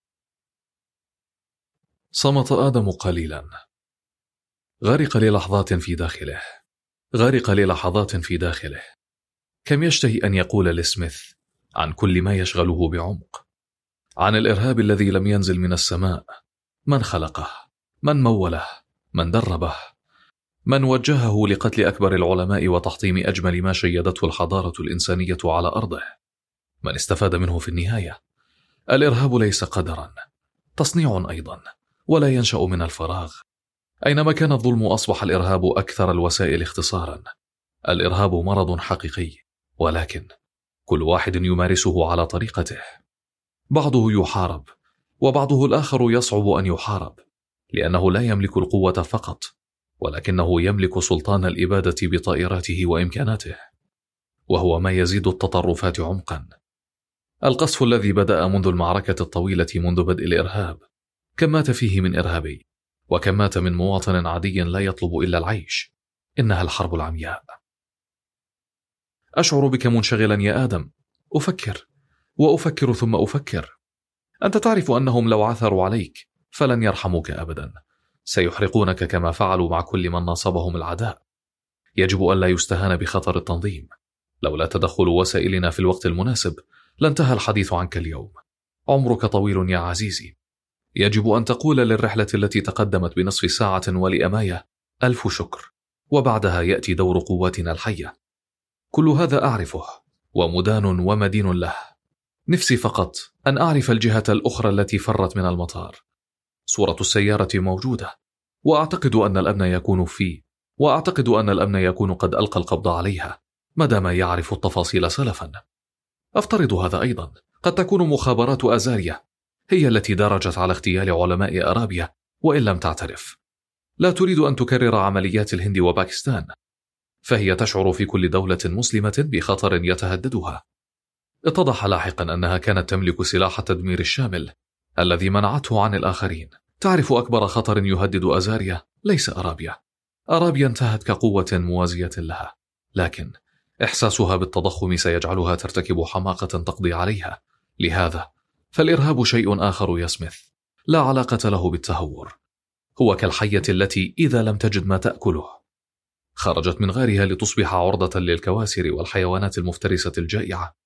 صمت آدم قليلا. غرق للحظات في داخله غرق للحظات في داخله كم يشتهي أن يقول لسميث عن كل ما يشغله بعمق، عن الإرهاب الذي لم ينزل من السماء، من خلقه، من موله، من دربه، من وجهه لقتل أكبر العلماء وتحطيم أجمل ما شيدته الحضارة الإنسانية على أرضه، من استفاد منه في النهاية. الإرهاب ليس قدرا، تصنيع أيضا، ولا ينشأ من الفراغ. أينما كان الظلم أصبح الإرهاب أكثر الوسائل اختصارا. الإرهاب مرض حقيقي، ولكن كل واحد يمارسه على طريقته. بعضه يحارب، وبعضه الآخر يصعب أن يحارب، لأنه لا يملك القوة فقط، ولكنه يملك سلطان الإبادة بطائراته وإمكاناته، وهو ما يزيد التطرفات عمقا. القصف الذي بدأ منذ المعركة الطويلة منذ بدء الإرهاب، كم مات فيه من إرهابي، وكم مات من مواطن عادي لا يطلب إلا العيش. إنها الحرب العمياء. أشعر بك منشغلا يا آدم. أفكر وأفكر ثم أفكر. أنت تعرف أنهم لو عثروا عليك فلن يرحموك أبدا، سيحرقونك كما فعلوا مع كل من ناصبهم العداء. يجب أن لا يستهان بخطر التنظيم. لولا تدخل وسائلنا في الوقت المناسب لانتهى الحديث عنك اليوم. عمرك طويل يا عزيزي. يجب أن تقول للرحلة التي تقدمت بنصف ساعة ولأماية ألف شكر، وبعدها يأتي دور قواتنا الحية. كل هذا أعرفه، ومدان ومدين له. نفسي فقط أن أعرف الجهة الأخرى التي فرت من المطار. صورة السيارة موجودة، وأعتقد أن الأمن يكون فيه وأعتقد أن الأمن يكون قد ألقى القبض عليها مدام يعرف التفاصيل سلفا. أفترض هذا أيضا. قد تكون مخابرات أزاريا هي التي درجت على اغتيال علماء أرابيا وإن لم تعترف. لا تريد أن تكرر عمليات الهند وباكستان، فهي تشعر في كل دولة مسلمة بخطر يتهددها. اتضح لاحقا أنها كانت تملك سلاح التدمير الشامل الذي منعته عن الآخرين. تعرف أكبر خطر يهدد أزاريا ليس أرابيا. أرابيا انتهت كقوة موازية لها، لكن إحساسها بالتضخم سيجعلها ترتكب حماقة تقضي عليها. لهذا فالإرهاب شيء آخر يا سميث، لا علاقة له بالتهور. هو كالحية التي إذا لم تجد ما تأكله خرجت من غارها لتصبح عرضة للكواسر والحيوانات المفترسة الجائعة.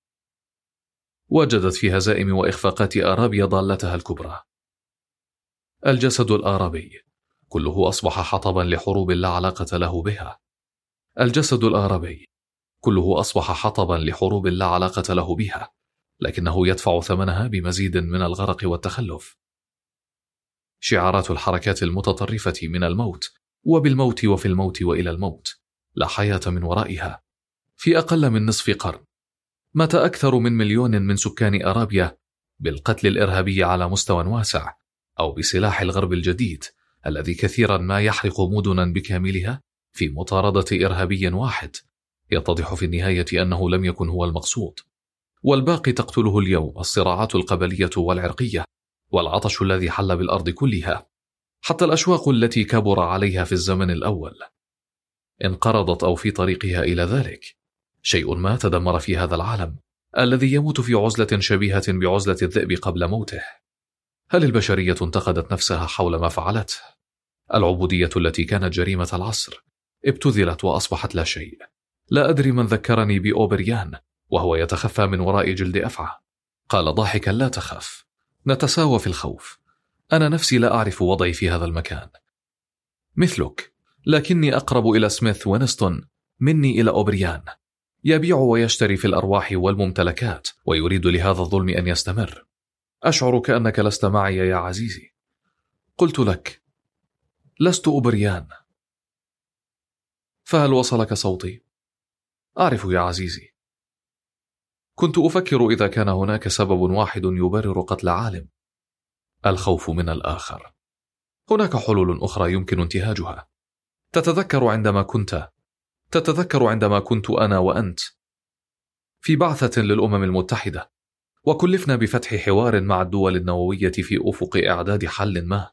وجدت في هزائم وإخفاقات أرابيا ضالتها الكبرى. الجسد الآرابي كله أصبح حطبا لحروب لا علاقة له بها. الجسد الآرابي كله أصبح حطبا لحروب لا علاقة له بها، لكنه يدفع ثمنها بمزيد من الغرق والتخلف. شعارات الحركات المتطرفة من الموت وبالموت وفي الموت وإلى الموت، لا حياة من ورائها. في أقل من نصف قرن مات أكثر من مليون من سكان أرابيا بالقتل الإرهابي على مستوى واسع، أو بسلاح الغرب الجديد الذي كثيرا ما يحرق مدنا بكاملها في مطاردة إرهابي واحد. يتضح في النهاية أنه لم يكن هو المقصود، والباقي تقتله اليوم الصراعات القبلية والعرقية والعطش الذي حل بالأرض كلها، حتى الأشواق التي كبر عليها في الزمن الأول انقرضت أو في طريقها إلى ذلك. شيء ما تدمر في هذا العالم الذي يموت في عزلة شبيهة بعزلة الذئب قبل موته. هل البشرية انتقدت نفسها حول ما فعلته؟ العبودية التي كانت جريمة العصر ابتذلت وأصبحت لا شيء. لا أدري من ذكرني بأوبريان وهو يتخفى من وراء جلد أفعى. قال ضاحكا: لا تخف، نتساوى في الخوف. أنا نفسي لا أعرف وضعي في هذا المكان مثلك، لكني أقرب إلى سميث وينستون مني إلى أوبريان. يبيع ويشتري في الأرواح والممتلكات ويريد لهذا الظلم أن يستمر. أشعر كأنك لست معي يا عزيزي. قلت لك: لست أوبريان. فهل وصلك صوتي؟ أعرف يا عزيزي. كنت أفكر إذا كان هناك سبب واحد يبرر قتل عالم: الخوف من الآخر. هناك حلول أخرى يمكن انتهاجها. تتذكر عندما كنت تتذكر عندما كنت أنا وأنت في بعثة للأمم المتحدة، وكلفنا بفتح حوار مع الدول النووية في أفق إعداد حل ما،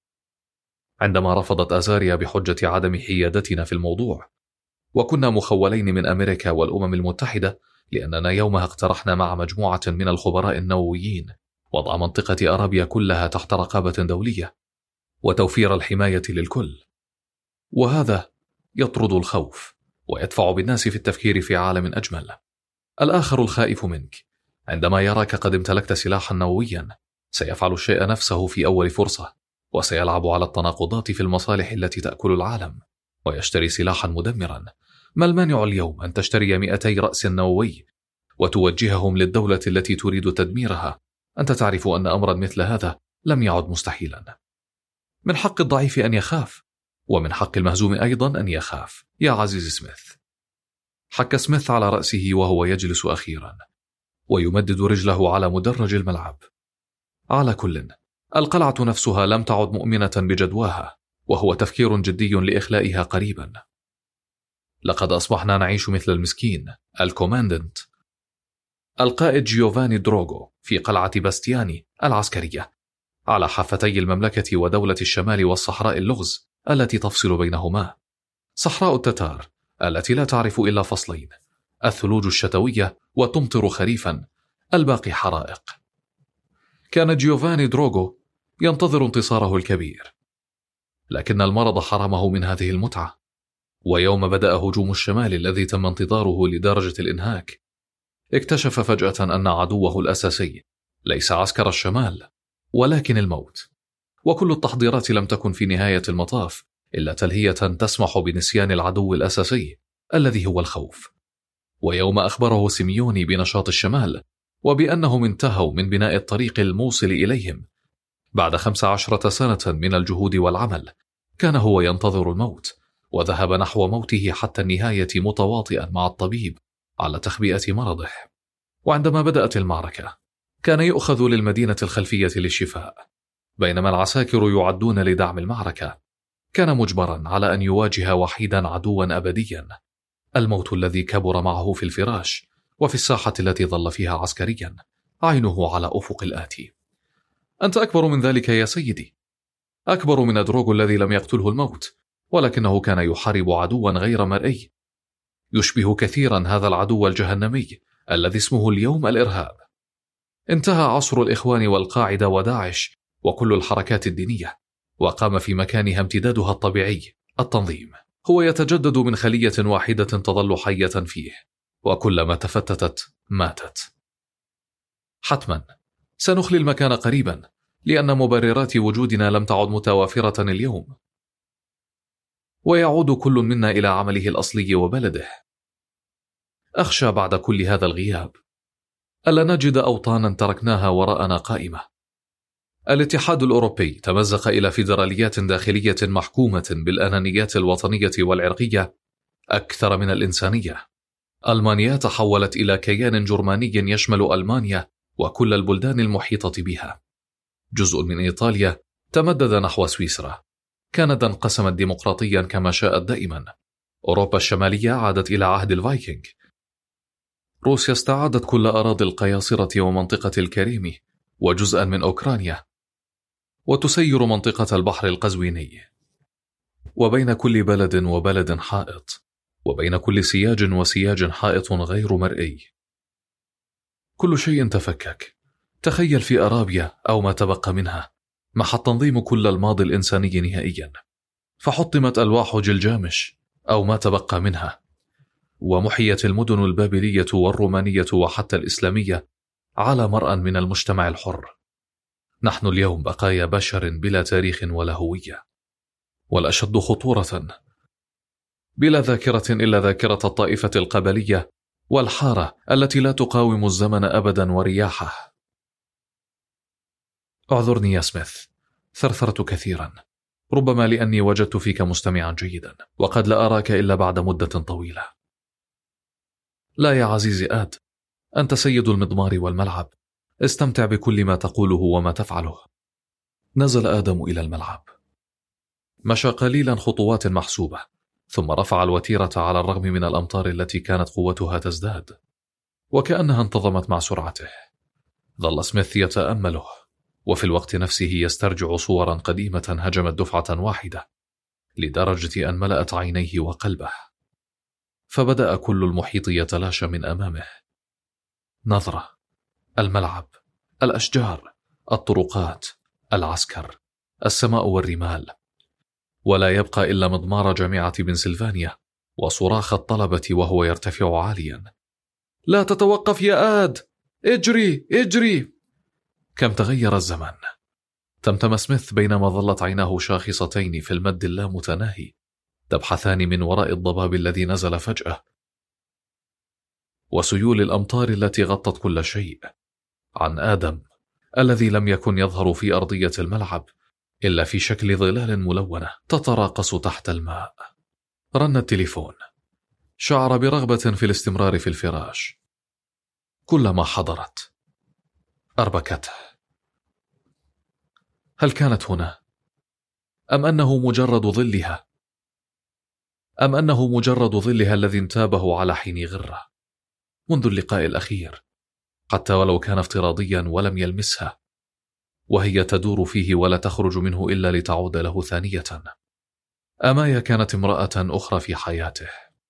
عندما رفضت أزاريا بحجة عدم حيادتنا في الموضوع، وكنا مخولين من أمريكا والأمم المتحدة لأننا يومها اقترحنا مع مجموعة من الخبراء النوويين وضع منطقة أرابيا كلها تحت رقابة دولية وتوفير الحماية للكل، وهذا يطرد الخوف ويدفع بالناس في التفكير في عالم أجمل. الآخر الخائف منك عندما يراك قد امتلكت سلاحا نوويا سيفعل الشيء نفسه في أول فرصة، وسيلعب على التناقضات في المصالح التي تأكل العالم ويشتري سلاحا مدمرا. ما المانع اليوم أن تشتري مئتي رأس نووي وتوجههم للدولة التي تريد تدميرها؟ أنت تعرف أن أمرا مثل هذا لم يعد مستحيلا. من حق الضعيف أن يخاف، ومن حق المهزوم أيضا أن يخاف يا عزيز سميث. حك سميث على رأسه وهو يجلس أخيرا ويمدد رجله على مدرج الملعب. على كل، القلعة نفسها لم تعد مؤمنة بجدواها، وهو تفكير جدي لإخلائها قريبا. لقد أصبحنا نعيش مثل المسكين الكوماندنت القائد جيوفاني دروغو في قلعة باستياني العسكرية على حافتي المملكة ودولة الشمال والصحراء اللغز التي تفصل بينهما. صحراء التتار التي لا تعرف إلا فصلين: الثلوج الشتوية وتمطر خريفا، الباقي حرائق. كان جيوفاني دروغو ينتظر انتصاره الكبير، لكن المرض حرمه من هذه المتعة. ويوم بدأ هجوم الشمال الذي تم انتظاره لدرجة الإنهاك، اكتشف فجأة أن عدوه الأساسي ليس عسكر الشمال ولكن الموت. وكل التحضيرات لم تكن في نهاية المطاف إلا تلهية تسمح بنسيان العدو الأساسي الذي هو الخوف. ويوم أخبره سيميوني بنشاط الشمال وبأنهم انتهوا من بناء الطريق الموصل إليهم بعد خمس عشرة سنة من الجهود والعمل، كان هو ينتظر الموت، وذهب نحو موته حتى النهاية متواطئا مع الطبيب على تخبئة مرضه. وعندما بدأت المعركة كان يؤخذ للمدينة الخلفية للشفاء، بينما العساكر يعدون لدعم المعركة. كان مجبرا على أن يواجه وحيدا عدوا أبديا، الموت الذي كبر معه في الفراش وفي الساحة التي ظل فيها عسكريا، عينه على أفق الآتي. أنت أكبر من ذلك يا سيدي، أكبر من دروغو الذي لم يقتله الموت، ولكنه كان يحارب عدوا غير مرئي يشبه كثيرا هذا العدو الجهنمي الذي اسمه اليوم الإرهاب. انتهى عصر الإخوان والقاعدة وداعش وكل الحركات الدينية، وقام في مكانها امتدادها الطبيعي التنظيم. هو يتجدد من خلية واحدة تظل حية فيه، وكلما تفتتت ماتت. حتما سنخلي المكان قريبا، لأن مبررات وجودنا لم تعد متوافرة اليوم، ويعود كل منا إلى عمله الأصلي وبلده. أخشى بعد كل هذا الغياب ألا نجد أوطانا تركناها وراءنا قائمة. الاتحاد الأوروبي تمزق إلى فيدراليات داخلية محكومة بالأنانيات الوطنية والعرقية أكثر من الإنسانية. ألمانيا تحولت إلى كيان جرماني يشمل ألمانيا وكل البلدان المحيطة بها. جزء من إيطاليا تمدد نحو سويسرا. كندا انقسمت ديمقراطيا كما شاءت دائما. أوروبا الشمالية عادت إلى عهد الفايكنج. روسيا استعادت كل أراضي القياصرة ومنطقة الكريم وجزءا من أوكرانيا، وتسير منطقة البحر القزويني، وبين كل بلد وبلد حائط، وبين كل سياج وسياج حائط غير مرئي. كل شيء تفكك. تخيل في أرابيا أو ما تبقى منها محى التنظيم كل الماضي الإنساني نهائيا، فحطمت ألواح جلجامش أو ما تبقى منها، ومحيت المدن البابلية والرومانية وحتى الإسلامية على مرأى من المجتمع الحر. نحن اليوم بقايا بشر بلا تاريخ ولا هوية، والأشد خطورة بلا ذاكرة إلا ذاكرة الطائفة القبلية والحارة التي لا تقاوم الزمن أبدا ورياحه. اعذرني يا سميث، ثرثرت كثيرا، ربما لأني وجدت فيك مستمعا جيدا، وقد لا أراك إلا بعد مدة طويلة. لا يا عزيزي آد، أنت سيد المضمار والملعب، استمتع بكل ما تقوله وما تفعله. نزل آدم إلى الملعب، مشى قليلا خطوات محسوبة، ثم رفع الوتيرة على الرغم من الأمطار التي كانت قوتها تزداد، وكأنها انتظمت مع سرعته. ظل سميث يتأمله، وفي الوقت نفسه يسترجع صورا قديمة هجمت دفعة واحدة، لدرجة أن ملأت عينيه وقلبه، فبدأ كل المحيط يتلاشى من أمامه. نظرة، الملعب، الأشجار، الطرقات، العسكر، السماء والرمال، ولا يبقى إلا مضمار جامعة بنسلفانيا وصراخ الطلبة وهو يرتفع عاليا. لا تتوقف يا آد، اجري اجري. كم تغير الزمن. تمتم سميث بينما ظلت عيناه شاخصتين في المد اللامتناهي تبحثان من وراء الضباب الذي نزل فجأة، وسيول الأمطار التي غطت كل شيء، عن آدم الذي لم يكن يظهر في أرضية الملعب إلا في شكل ظلال ملونة تتراقص تحت الماء. رن التليفون. شعر برغبة في الاستمرار في الفراش. كلما حضرت أربكته. هل كانت هنا؟ أم أنه مجرد ظلها؟ أم أنه مجرد ظلها الذي انتابه على حين غرة منذ اللقاء الأخير، حتى ولو كان افتراضيا ولم يلمسها، وهي تدور فيه ولا تخرج منه إلا لتعود له ثانية. أمايا كانت امرأة أخرى في حياته،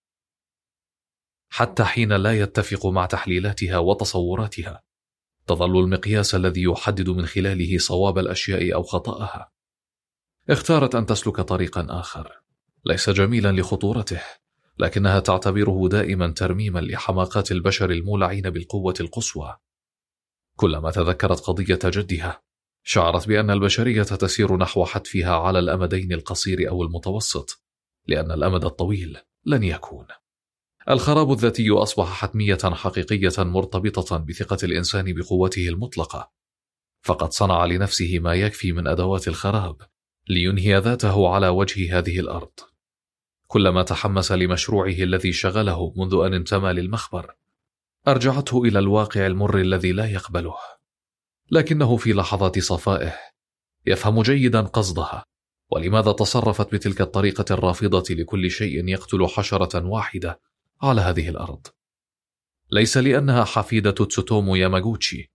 حتى حين لا يتفق مع تحليلاتها وتصوراتها، تظل المقياس الذي يحدد من خلاله صواب الأشياء أو خطأها. اختارت أن تسلك طريقا آخر، ليس جميلا لخطورته، لكنها تعتبره دائما ترميما لحماقات البشر المولعين بالقوة القصوى. كلما تذكرت قضية جدها شعرت بأن البشرية تسير نحو حتفها على الأمدين القصير أو المتوسط، لأن الأمد الطويل لن يكون. الخراب الذاتي أصبح حتمية حقيقية مرتبطة بثقة الإنسان بقوته المطلقة، فقد صنع لنفسه ما يكفي من أدوات الخراب لينهي ذاته على وجه هذه الأرض. كلما تحمس لمشروعه الذي شغله منذ أن انتمى للمخبر أرجعته إلى الواقع المر الذي لا يقبله، لكنه في لحظات صفائه يفهم جيدا قصدها، ولماذا تصرفت بتلك الطريقة الرافضة لكل شيء يقتل حشرة واحدة على هذه الأرض. ليس لأنها حفيدة تسوتومو ياماغوتشي،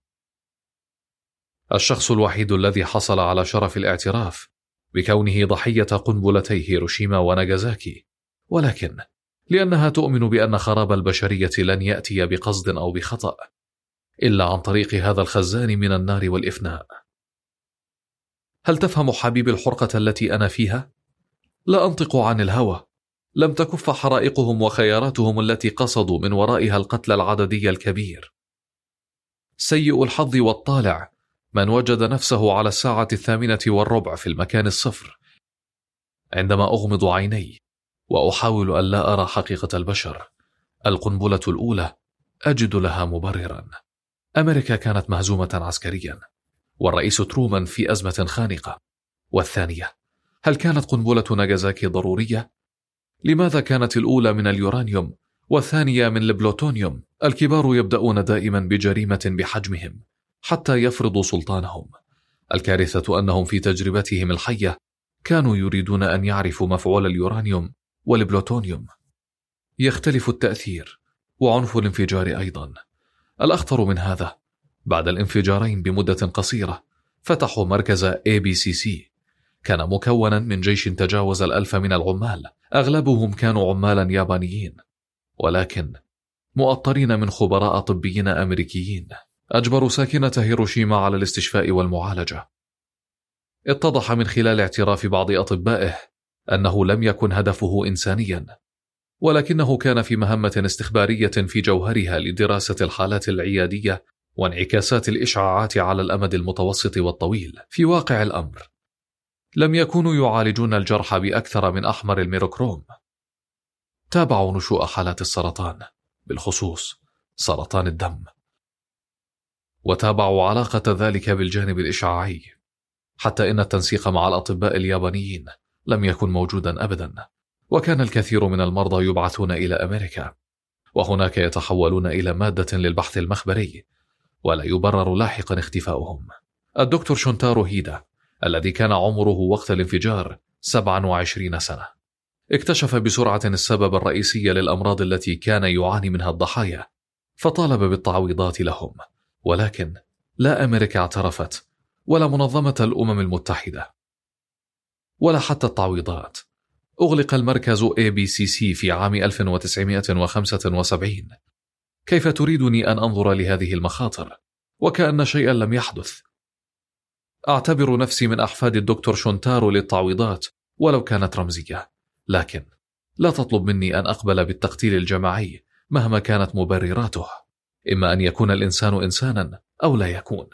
الشخص الوحيد الذي حصل على شرف الاعتراف بكونه ضحية قنبلتي هيروشيما وناغازاكي، ولكن لأنها تؤمن بأن خراب البشرية لن يأتي بقصد أو بخطأ إلا عن طريق هذا الخزان من النار والإفناء. هل تفهم حبيب الحرقة التي أنا فيها؟ لا أنطق عن الهوى. لم تكف حرائقهم وخياراتهم التي قصدوا من ورائها القتل العددي الكبير. سيء الحظ والطالع من وجد نفسه على الساعة الثامنة والربع في المكان الصفر، عندما أغمض عيني وأحاول أن لا أرى حقيقة البشر. القنبلة الأولى أجد لها مبررا. أمريكا كانت مهزومة عسكريا، والرئيس ترومان في أزمة خانقة. والثانية، هل كانت قنبلة ناغازاكي ضرورية؟ لماذا كانت الأولى من اليورانيوم والثانية من البلوتونيوم؟ الكبار يبدأون دائما بجريمة بحجمهم حتى يفرضوا سلطانهم. الكارثة أنهم في تجربتهم الحية كانوا يريدون أن يعرفوا مفعول اليورانيوم والبلوتونيوم. يختلف التأثير وعنف الانفجار أيضا. الأخطر من هذا، بعد الانفجارين بمدة قصيرة فتحوا مركز إيه بي سي سي. كان مكونا من جيش تجاوز الألف من العمال، أغلبهم كانوا عمالا يابانيين، ولكن مؤطرين من خبراء طبيين أمريكيين أجبروا ساكنة هيروشيما على الاستشفاء والمعالجة. اتضح من خلال اعتراف بعض أطبائه أنه لم يكن هدفه إنسانيا، ولكنه كان في مهمة استخبارية في جوهرها لدراسة الحالات العيادية وانعكاسات الإشعاعات على الأمد المتوسط والطويل. في واقع الأمر لم يكونوا يعالجون الجرح بأكثر من أحمر الميروكروم. تابعوا نشوء حالات السرطان، بالخصوص سرطان الدم، وتابعوا علاقة ذلك بالجانب الإشعاعي، حتى إن التنسيق مع الأطباء اليابانيين لم يكن موجودا أبدا، وكان الكثير من المرضى يبعثون إلى أمريكا، وهناك يتحولون إلى مادة للبحث المخبري، ولا يبرر لاحقا اختفاؤهم. الدكتور شونتارو هيدا الذي كان عمره وقت الانفجار سبعة وعشرين سنة اكتشف بسرعة السبب الرئيسي للأمراض التي كان يعاني منها الضحايا، فطالب بالتعويضات لهم، ولكن لا أمريكا اعترفت، ولا منظمة الأمم المتحدة، ولا حتى التعويضات. أغلق المركز إيه بي سي سي في عام ألف وتسعمائة وخمسة وسبعين. كيف تريدني أن أنظر لهذه المخاطر وكأن شيئا لم يحدث؟ أعتبر نفسي من أحفاد الدكتور شونتارو للتعويضات ولو كانت رمزية، لكن لا تطلب مني أن أقبل بالتقتيل الجماعي مهما كانت مبرراته. إما أن يكون الإنسان إنسانا أو لا يكون.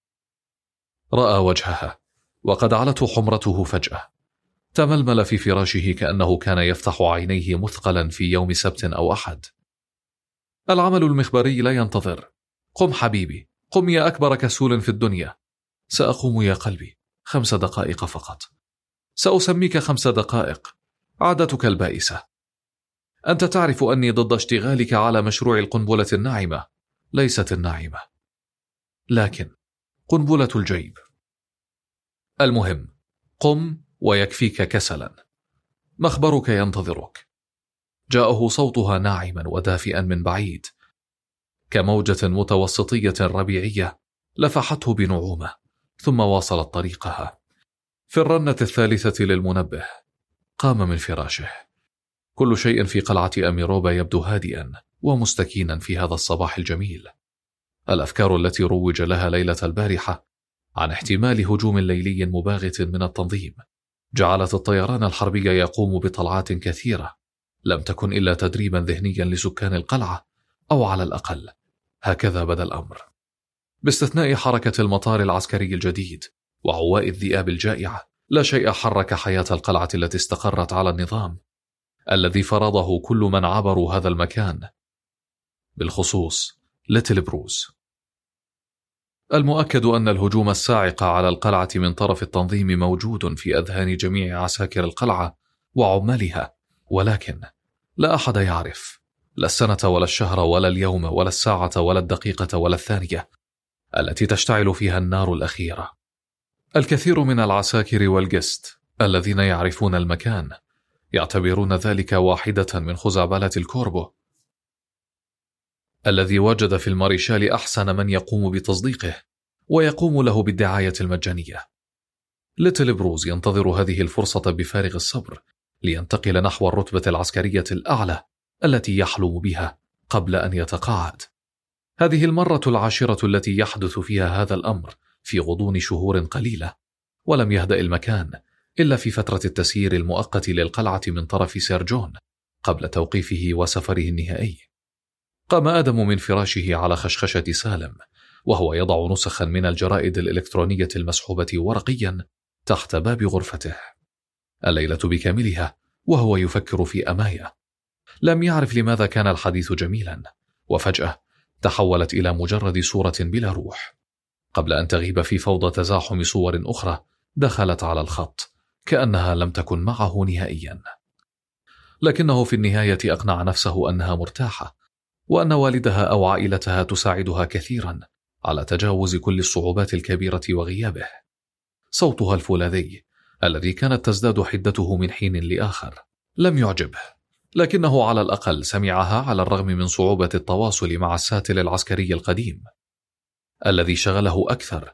رأى وجهها وقد علته حمرته فجأة. تململ في فراشه كأنه كان يفتح عينيه مثقلا في يوم سبت أو أحد. العمل المخبري لا ينتظر. قم حبيبي، قم يا أكبر كسول في الدنيا. سأقوم يا قلبي، خمس دقائق فقط. سأسميك خمس دقائق، عادتك البائسة. أنت تعرف أني ضد اشتغالك على مشروع القنبلة الناعمة، ليست الناعمة، لكن قنبلة الجيب. المهم، قم ويكفيك كسلا. مخبرك ينتظرك. جاءه صوتها ناعما ودافئا من بعيد، كموجة متوسطية ربيعية لفحته بنعومة، ثم واصلت طريقها. في الرنة الثالثة للمنبه قام من فراشه. كل شيء في قلعة أميروبا يبدو هادئا ومستكينا في هذا الصباح الجميل. الأفكار التي روج لها ليلة البارحة عن احتمال هجوم ليلي مباغت من التنظيم جعلت الطيران الحربي يقوم بطلعات كثيرة لم تكن إلا تدريبا ذهنيا لسكان القلعة، أو على الأقل هكذا بدا الأمر، باستثناء حركة المطار العسكري الجديد وعواء الذئاب الجائعة. لا شيء حرك حياة القلعة التي استقرت على النظام الذي فرضه كل من عبروا هذا المكان، بالخصوص ليتل بروز. المؤكد أن الهجوم الصاعق على القلعة من طرف التنظيم موجود في أذهان جميع عساكر القلعة وعمالها، ولكن لا أحد يعرف، لا السنة ولا الشهر ولا اليوم ولا الساعة ولا الدقيقة ولا الثانية التي تشتعل فيها النار الأخيرة. الكثير من العساكر والجست الذين يعرفون المكان يعتبرون ذلك واحدة من خزعبلات الكوربو الذي وجد في الماريشال أحسن من يقوم بتصديقه ويقوم له بالدعاية المجانية. ليتل بروز ينتظر هذه الفرصة بفارغ الصبر لينتقل نحو الرتبة العسكرية الأعلى التي يحلم بها قبل أن يتقاعد. هذه المرة العاشرة التي يحدث فيها هذا الأمر في غضون شهور قليلة، ولم يهدأ المكان إلا في فترة التسيير المؤقت للقلعة من طرف سير جون قبل توقيفه وسفره النهائي. قام آدم من فراشه على خشخشة سالم وهو يضع نسخا من الجرائد الإلكترونية المسحوبة ورقيا تحت باب غرفته. الليلة بكاملها وهو يفكر في أمايا. لم يعرف لماذا كان الحديث جميلا، وفجأة تحولت إلى مجرد صورة بلا روح، قبل أن تغيب في فوضى تزاحم صور أخرى دخلت على الخط كأنها لم تكن معه نهائيا. لكنه في النهاية أقنع نفسه أنها مرتاحة، وأن والدها أو عائلتها تساعدها كثيرا على تجاوز كل الصعوبات الكبيرة وغيابه. صوتها الفولاذي الذي كانت تزداد حدته من حين لآخر لم يعجبه، لكنه على الأقل سمعها على الرغم من صعوبة التواصل مع الساتل العسكري القديم. الذي شغله أكثر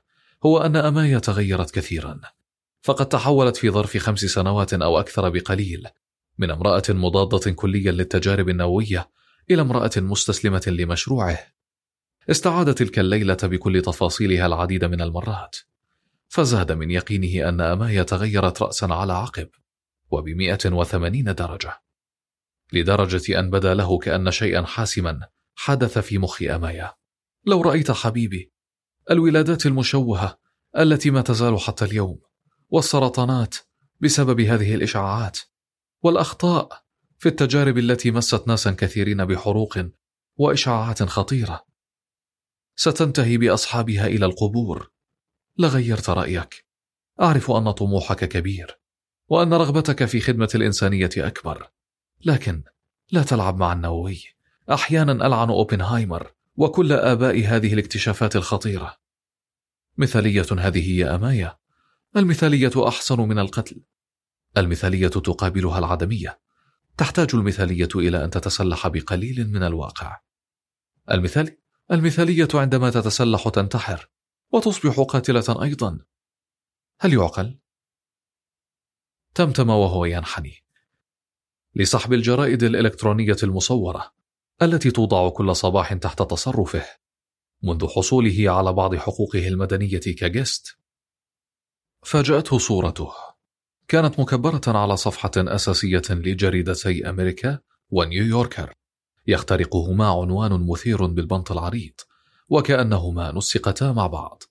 هو أن أمايا تغيرت كثيرا، فقد تحولت في ظرف خمس سنوات أو أكثر بقليل من امرأة مضادة كليا للتجارب النووية إلى امرأة مستسلمة لمشروعه. استعاد تلك الليلة بكل تفاصيلها العديد من المرات، فزاد من يقينه أن أمايا تغيرت رأسا على عقب وبمئة وثمانين درجة، لدرجة أن بدا له كأن شيئا حاسما حدث في مخ أمايا. لو رأيت حبيبي الولادات المشوهة التي ما تزال حتى اليوم، والسرطانات بسبب هذه الإشعاعات، والأخطاء في التجارب التي مست ناسا كثيرين بحروق وإشعاعات خطيرة ستنتهي بأصحابها إلى القبور، لغيرت رأيك. أعرف أن طموحك كبير وأن رغبتك في خدمة الإنسانية أكبر، لكن لا تلعب مع النووي. أحيانا ألعن أوبنهايمر وكل آباء هذه الاكتشافات الخطيرة. مثالية هذه يا أمايا، المثالية أحسن من القتل. المثالية تقابلها العدمية. تحتاج المثالية إلى أن تتسلح بقليل من الواقع. المثال المثالية عندما تتسلح تنتحر وتصبح قاتلة أيضا. هل يعقل؟ تمتم وهو ينحني لسحب الجرائد الإلكترونية المصورة التي توضع كل صباح تحت تصرفه منذ حصوله على بعض حقوقه المدنية كجست. فاجأته صورته، كانت مكبرة على صفحة أساسية لجريدتي أمريكا ونيويوركر، يخترقهما عنوان مثير بالبنط العريض وكأنهما نسقتا مع بعض: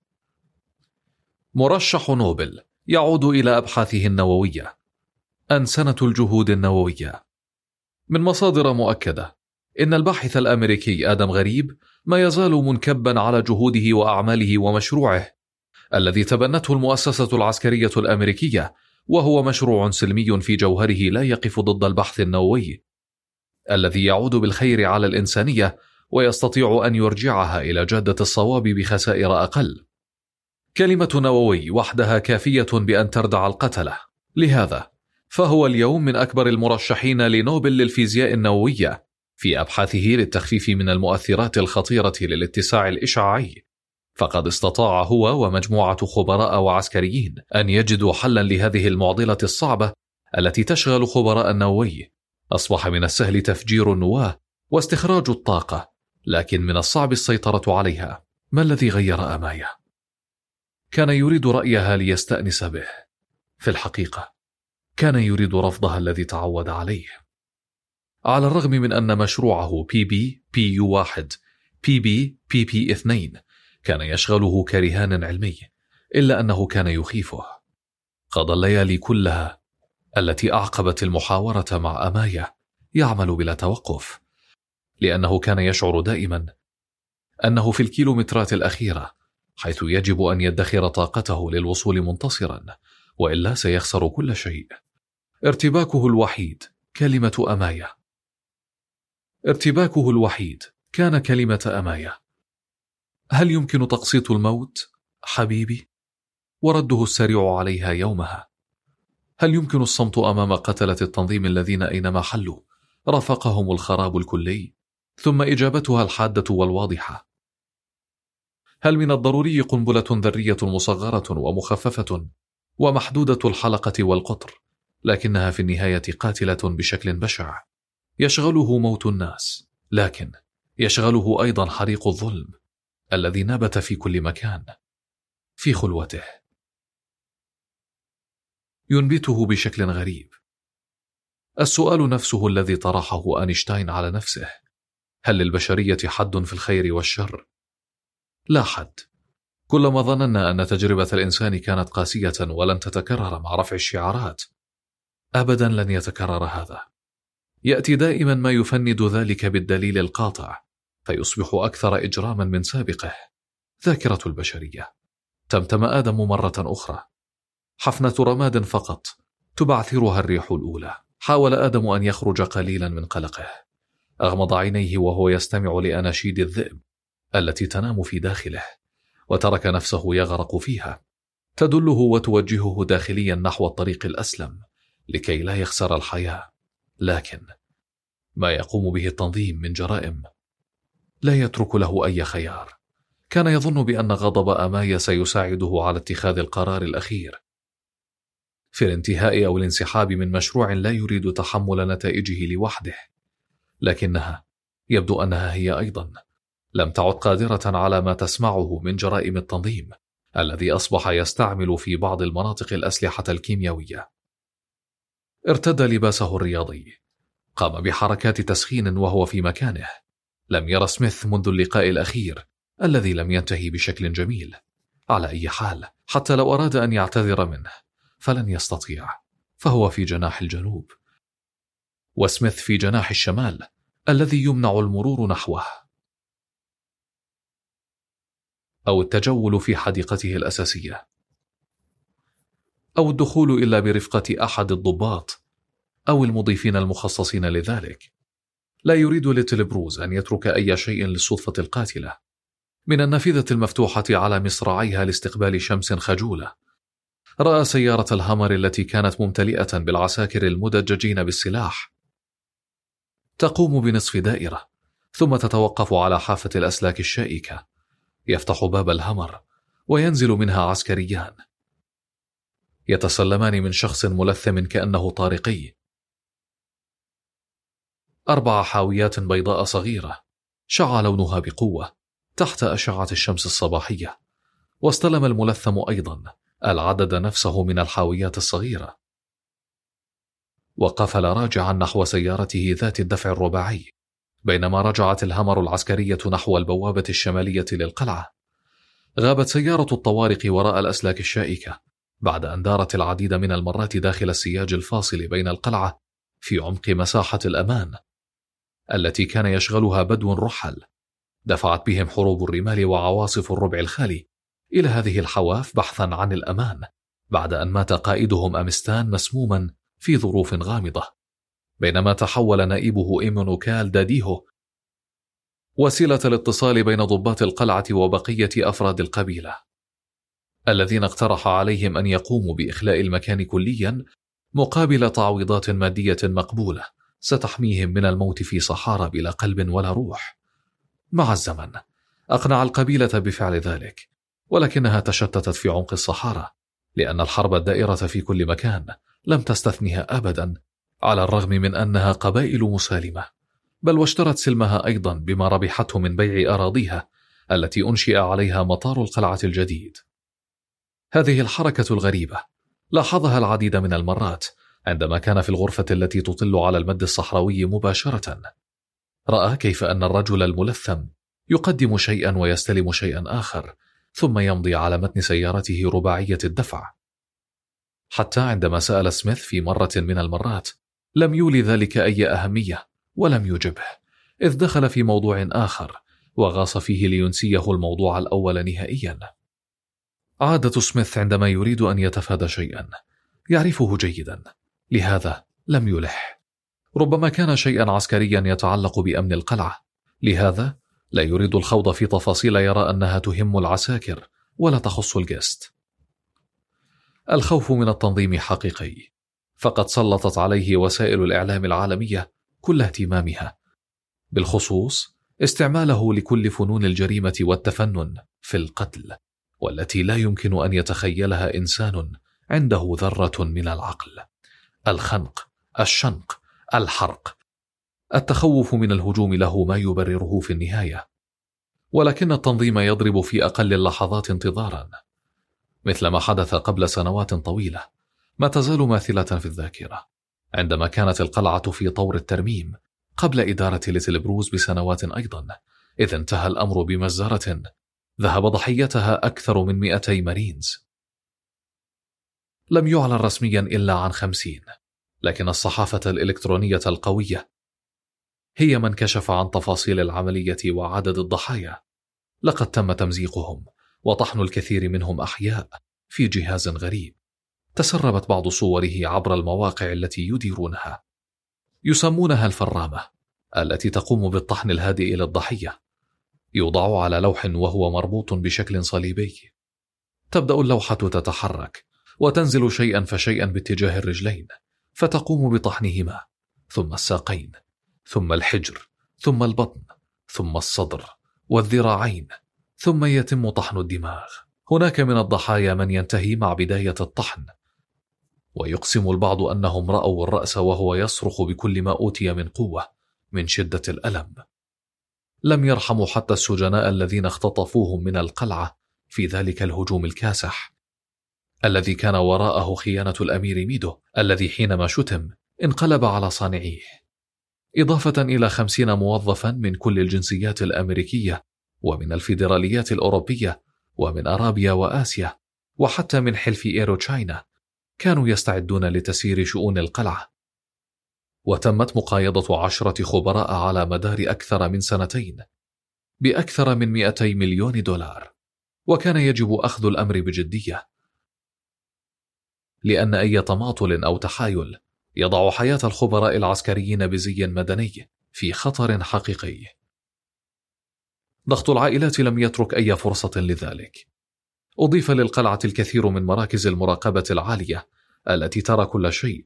مرشح نوبل يعود إلى أبحاثه النووية، أنسنة الجهود النووية. من مصادر مؤكدة إن الباحث الأمريكي آدم غريب ما يزال منكبا على جهوده وأعماله ومشروعه الذي تبنته المؤسسة العسكرية الأمريكية، وهو مشروع سلمي في جوهره لا يقف ضد البحث النووي الذي يعود بالخير على الإنسانية ويستطيع أن يرجعها إلى جادة الصواب بخسائر أقل. كلمة نووي وحدها كافية بأن تردع القتلة. لهذا فهو اليوم من أكبر المرشحين لنوبل للفيزياء النووية في أبحاثه للتخفيف من المؤثرات الخطيرة للاتساع الإشعاعي، فقد استطاع هو ومجموعة خبراء وعسكريين أن يجدوا حلا لهذه المعضلة الصعبة التي تشغل خبراء النووي. أصبح من السهل تفجير النواة واستخراج الطاقة، لكن من الصعب السيطرة عليها. ما الذي غير أمايا؟ كان يريد رأيها ليستأنس به. في الحقيقة كان يريد رفضها الذي تعود عليه. على الرغم من أن مشروعه بي بي بي يو واحد بي بي بي بي اثنين كان يشغله كرهان علمي، إلا أنه كان يخيفه. قضى الليالي كلها التي أعقبت المحاورة مع أمايا يعمل بلا توقف، لأنه كان يشعر دائما أنه في الكيلومترات الأخيرة، حيث يجب أن يدخر طاقته للوصول منتصرا، وإلا سيخسر كل شيء. ارتباكه الوحيد كلمة أمايا. ارتباكه الوحيد كان كلمة أمايا. هل يمكن تقسيط الموت حبيبي؟ ورده السريع عليها يومها. هل يمكن الصمت أمام قتلة التنظيم الذين أينما حلوا رافقهم الخراب الكلي؟ ثم إجابتها الحادة والواضحة: هل من الضروري قنبلة ذرية مصغرة ومخففة ومحدودة الحلقة والقطر، لكنها في النهاية قاتلة بشكل بشع. يشغله موت الناس، لكن يشغله أيضا حريق الظلم الذي نبت في كل مكان. في خلوته ينبته بشكل غريب السؤال نفسه الذي طرحه أينشتاين على نفسه: هل للبشرية حد في الخير والشر؟ لا حد. كلما ظننا أن تجربة الإنسان كانت قاسية ولن تتكرر مع رفع الشعارات، أبدا لن يتكرر هذا. يأتي دائما ما يفند ذلك بالدليل القاطع، فيصبح أكثر إجراما من سابقه. ذاكرة البشرية. تمتم آدم مرة أخرى. حفنة رماد فقط تبعثرها الريح الأولى. حاول آدم أن يخرج قليلا من قلقه. أغمض عينيه وهو يستمع لأناشيد الذئب التي تنام في داخله، وترك نفسه يغرق فيها، تدله وتوجهه داخليا نحو الطريق الأسلم لكي لا يخسر الحياة. لكن ما يقوم به التنظيم من جرائم لا يترك له أي خيار. كان يظن بأن غضب أمايا سيساعده على اتخاذ القرار الأخير في الانتهاء أو الانسحاب من مشروع لا يريد تحمل نتائجه لوحده، لكنها يبدو أنها هي أيضا لم تعد قادرة على ما تسمعه من جرائم التنظيم الذي أصبح يستعمل في بعض المناطق الأسلحة الكيميائية. ارتدى لباسه الرياضي، قام بحركات تسخين وهو في مكانه. لم يرى سميث منذ اللقاء الأخير الذي لم ينتهي بشكل جميل. على أي حال، حتى لو أراد أن يعتذر منه فلن يستطيع، فهو في جناح الجنوب وسميث في جناح الشمال الذي يمنع المرور نحوه أو التجول في حديقته الأساسية أو الدخول إلا برفقة أحد الضباط أو المضيفين المخصصين لذلك. لا يريد ليتل بروز أن يترك أي شيء للصدفة القاتلة، من النافذة المفتوحة على مصراعيها لاستقبال شمس خجولة. رأى سيارة الهامر التي كانت ممتلئة بالعساكر المدججين بالسلاح تقوم بنصف دائرة، ثم تتوقف على حافة الأسلاك الشائكة. يفتح باب الهامر وينزل منها عسكريان يتسلمان من شخص ملثم كأنه طارقي. أربع حاويات بيضاء صغيرة شع لونها بقوة تحت أشعة الشمس الصباحية، واستلم الملثم أيضا العدد نفسه من الحاويات الصغيرة، وقفل راجعا نحو سيارته ذات الدفع الرباعي، بينما رجعت الهامر العسكرية نحو البوابة الشمالية للقلعة. غابت سيارة الطوارق وراء الأسلاك الشائكة بعد أن دارت العديد من المرات داخل السياج الفاصل بين القلعة في عمق مساحة الأمان التي كان يشغلها بدو رحل. دفعت بهم حروب الرمال وعواصف الربع الخالي إلى هذه الحواف بحثا عن الأمان بعد أن مات قائدهم أمستان مسموما في ظروف غامضة، بينما تحول نائبه إيمونوكال داديهو وسيلة الاتصال بين ضباط القلعة وبقية أفراد القبيلة الذين اقترح عليهم أن يقوموا بإخلاء المكان كليا مقابل تعويضات مادية مقبولة ستحميهم من الموت في صحارى بلا قلب ولا روح. مع الزمن أقنع القبيلة بفعل ذلك، ولكنها تشتتت في عمق الصحارى لأن الحرب الدائرة في كل مكان لم تستثنها أبدا، على الرغم من أنها قبائل مسالمة، بل واشترت سلمها أيضا بما ربحته من بيع أراضيها التي أنشئ عليها مطار القلعة الجديد. هذه الحركة الغريبة لاحظها العديد من المرات عندما كان في الغرفة التي تطل على المد الصحراوي مباشرة. رأى كيف أن الرجل الملثم يقدم شيئا ويستلم شيئا آخر، ثم يمضي على متن سيارته رباعية الدفع. حتى عندما سأل سميث في مرة من المرات لم يولي ذلك أي أهمية ولم يجبه، إذ دخل في موضوع آخر وغاص فيه لينسيه الموضوع الأول نهائيا. عادة سميث عندما يريد أن يتفادى شيئا يعرفه جيدا، لهذا لم يلح. ربما كان شيئا عسكريا يتعلق بأمن القلعة، لهذا لا يريد الخوض في تفاصيل يرى أنها تهم العساكر ولا تخص الجست. الخوف من التنظيم حقيقي، فقد سلطت عليه وسائل الإعلام العالمية كل اهتمامها، بالخصوص استعماله لكل فنون الجريمة والتفنن في القتل، والتي لا يمكن أن يتخيلها إنسان عنده ذرة من العقل. الخنق، الشنق، الحرق. التخوف من الهجوم له ما يبرره في النهاية، ولكن التنظيم يضرب في أقل اللحظات انتظارا، مثل ما حدث قبل سنوات طويلة ما تزال ماثلة في الذاكرة، عندما كانت القلعة في طور الترميم قبل إدارة ليتل بروز بسنوات أيضا، إذ انتهى الأمر بمجزرة ذهب ضحيتها أكثر من مئتي مارينز. لم يعلن رسميا إلا عن خمسين، لكن الصحافة الإلكترونية القوية هي من كشف عن تفاصيل العملية وعدد الضحايا. لقد تم تمزيقهم وطحن الكثير منهم أحياء في جهاز غريب. تسربت بعض صوره عبر المواقع التي يديرونها، يسمونها الفرامة، التي تقوم بالطحن الهادئ للضحية. يوضع على لوح وهو مربوط بشكل صليبي. تبدأ اللوحة تتحرك وتنزل شيئا فشيئا باتجاه الرجلين، فتقوم بطحنهما، ثم الساقين، ثم الحجر، ثم البطن، ثم الصدر والذراعين، ثم يتم طحن الدماغ. هناك من الضحايا من ينتهي مع بداية الطحن، ويقسم البعض أنهم رأوا الرأس وهو يصرخ بكل ما أوتي من قوة من شدة الألم. لم يرحموا حتى السجناء الذين اختطفوهم من القلعة في ذلك الهجوم الكاسح الذي كان وراءه خيانة الأمير ميدو، الذي حينما شتم انقلب على صانعيه، إضافة إلى خمسين موظفا من كل الجنسيات الأمريكية ومن الفيدراليات الأوروبية ومن أرابيا وآسيا وحتى من حلف إيرو تشاينا كانوا يستعدون لتسيير شؤون القلعة. وتمت مقايضة عشرة خبراء على مدار أكثر من سنتين بأكثر من مئتي مليون دولار، وكان يجب أخذ الأمر بجدية، لأن أي تماطل أو تحايل يضع حياة الخبراء العسكريين بزي مدني في خطر حقيقي. ضغط العائلات لم يترك أي فرصة لذلك. أضيف للقلعة الكثير من مراكز المراقبة العالية التي ترى كل شيء،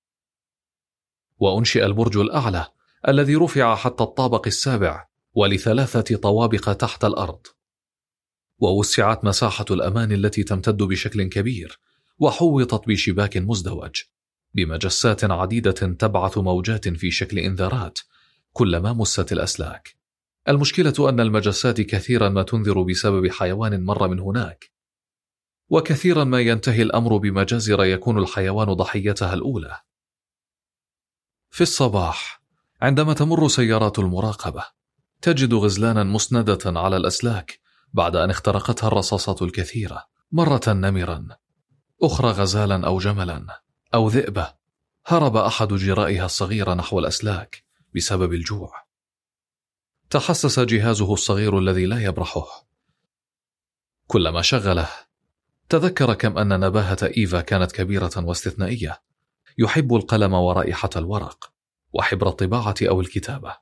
وأنشئ البرج الأعلى الذي رفع حتى الطابق السابع ولثلاثة طوابق تحت الأرض، ووسعت مساحة الأمان التي تمتد بشكل كبير، وحوطت بشباك مزدوج بمجسات عديدة تبعث موجات في شكل إنذارات كلما مست الأسلاك. المشكلة أن المجسات كثيرا ما تنذر بسبب حيوان مر من هناك، وكثيرا ما ينتهي الأمر بمجازر يكون الحيوان ضحيتها الأولى. في الصباح عندما تمر سيارات المراقبة تجد غزلانا مسندة على الأسلاك بعد أن اخترقتها الرصاصات الكثيرة، مرة نمرا، أخرى غزالا أو جملا أو ذئبة. هرب أحد جرائها الصغيرة نحو الأسلاك بسبب الجوع. تحسس جهازه الصغير الذي لا يبرحه. كلما شغله تذكر كم أن نباهة إيفا كانت كبيرة واستثنائية، يحب القلم ورائحة الورق وحبر الطباعة أو الكتابة.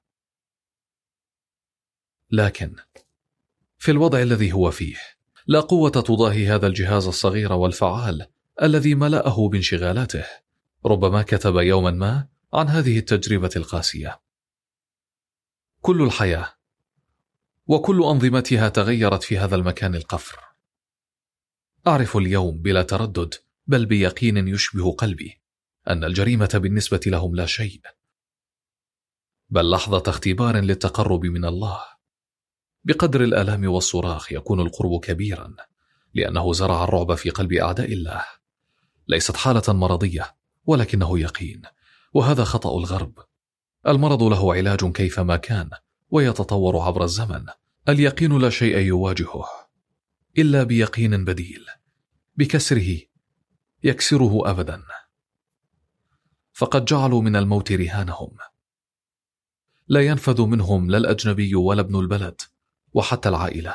لكن في الوضع الذي هو فيه لا قوة تضاهي هذا الجهاز الصغير والفعال الذي ملأه بانشغالاته. ربما كتب يوما ما عن هذه التجربة القاسية. كل الحياة وكل أنظمتها تغيرت في هذا المكان القفر. أعرف اليوم بلا تردد بل بيقين يشبه قلبي أن الجريمة بالنسبة لهم لا شيء، بل لحظة اختبار للتقرب من الله. بقدر الآلام والصراخ يكون القرب كبيرا، لأنه زرع الرعب في قلب أعداء الله. ليست حالة مرضية ولكنه يقين، وهذا خطأ الغرب. المرض له علاج كيفما كان ويتطور عبر الزمن. اليقين لا شيء يواجهه إلا بيقين بديل، بكسره يكسره أبدا. فقد جعلوا من الموت رهانهم، لا ينفذ منهم لا الأجنبي ولا ابن البلد وحتى العائلة.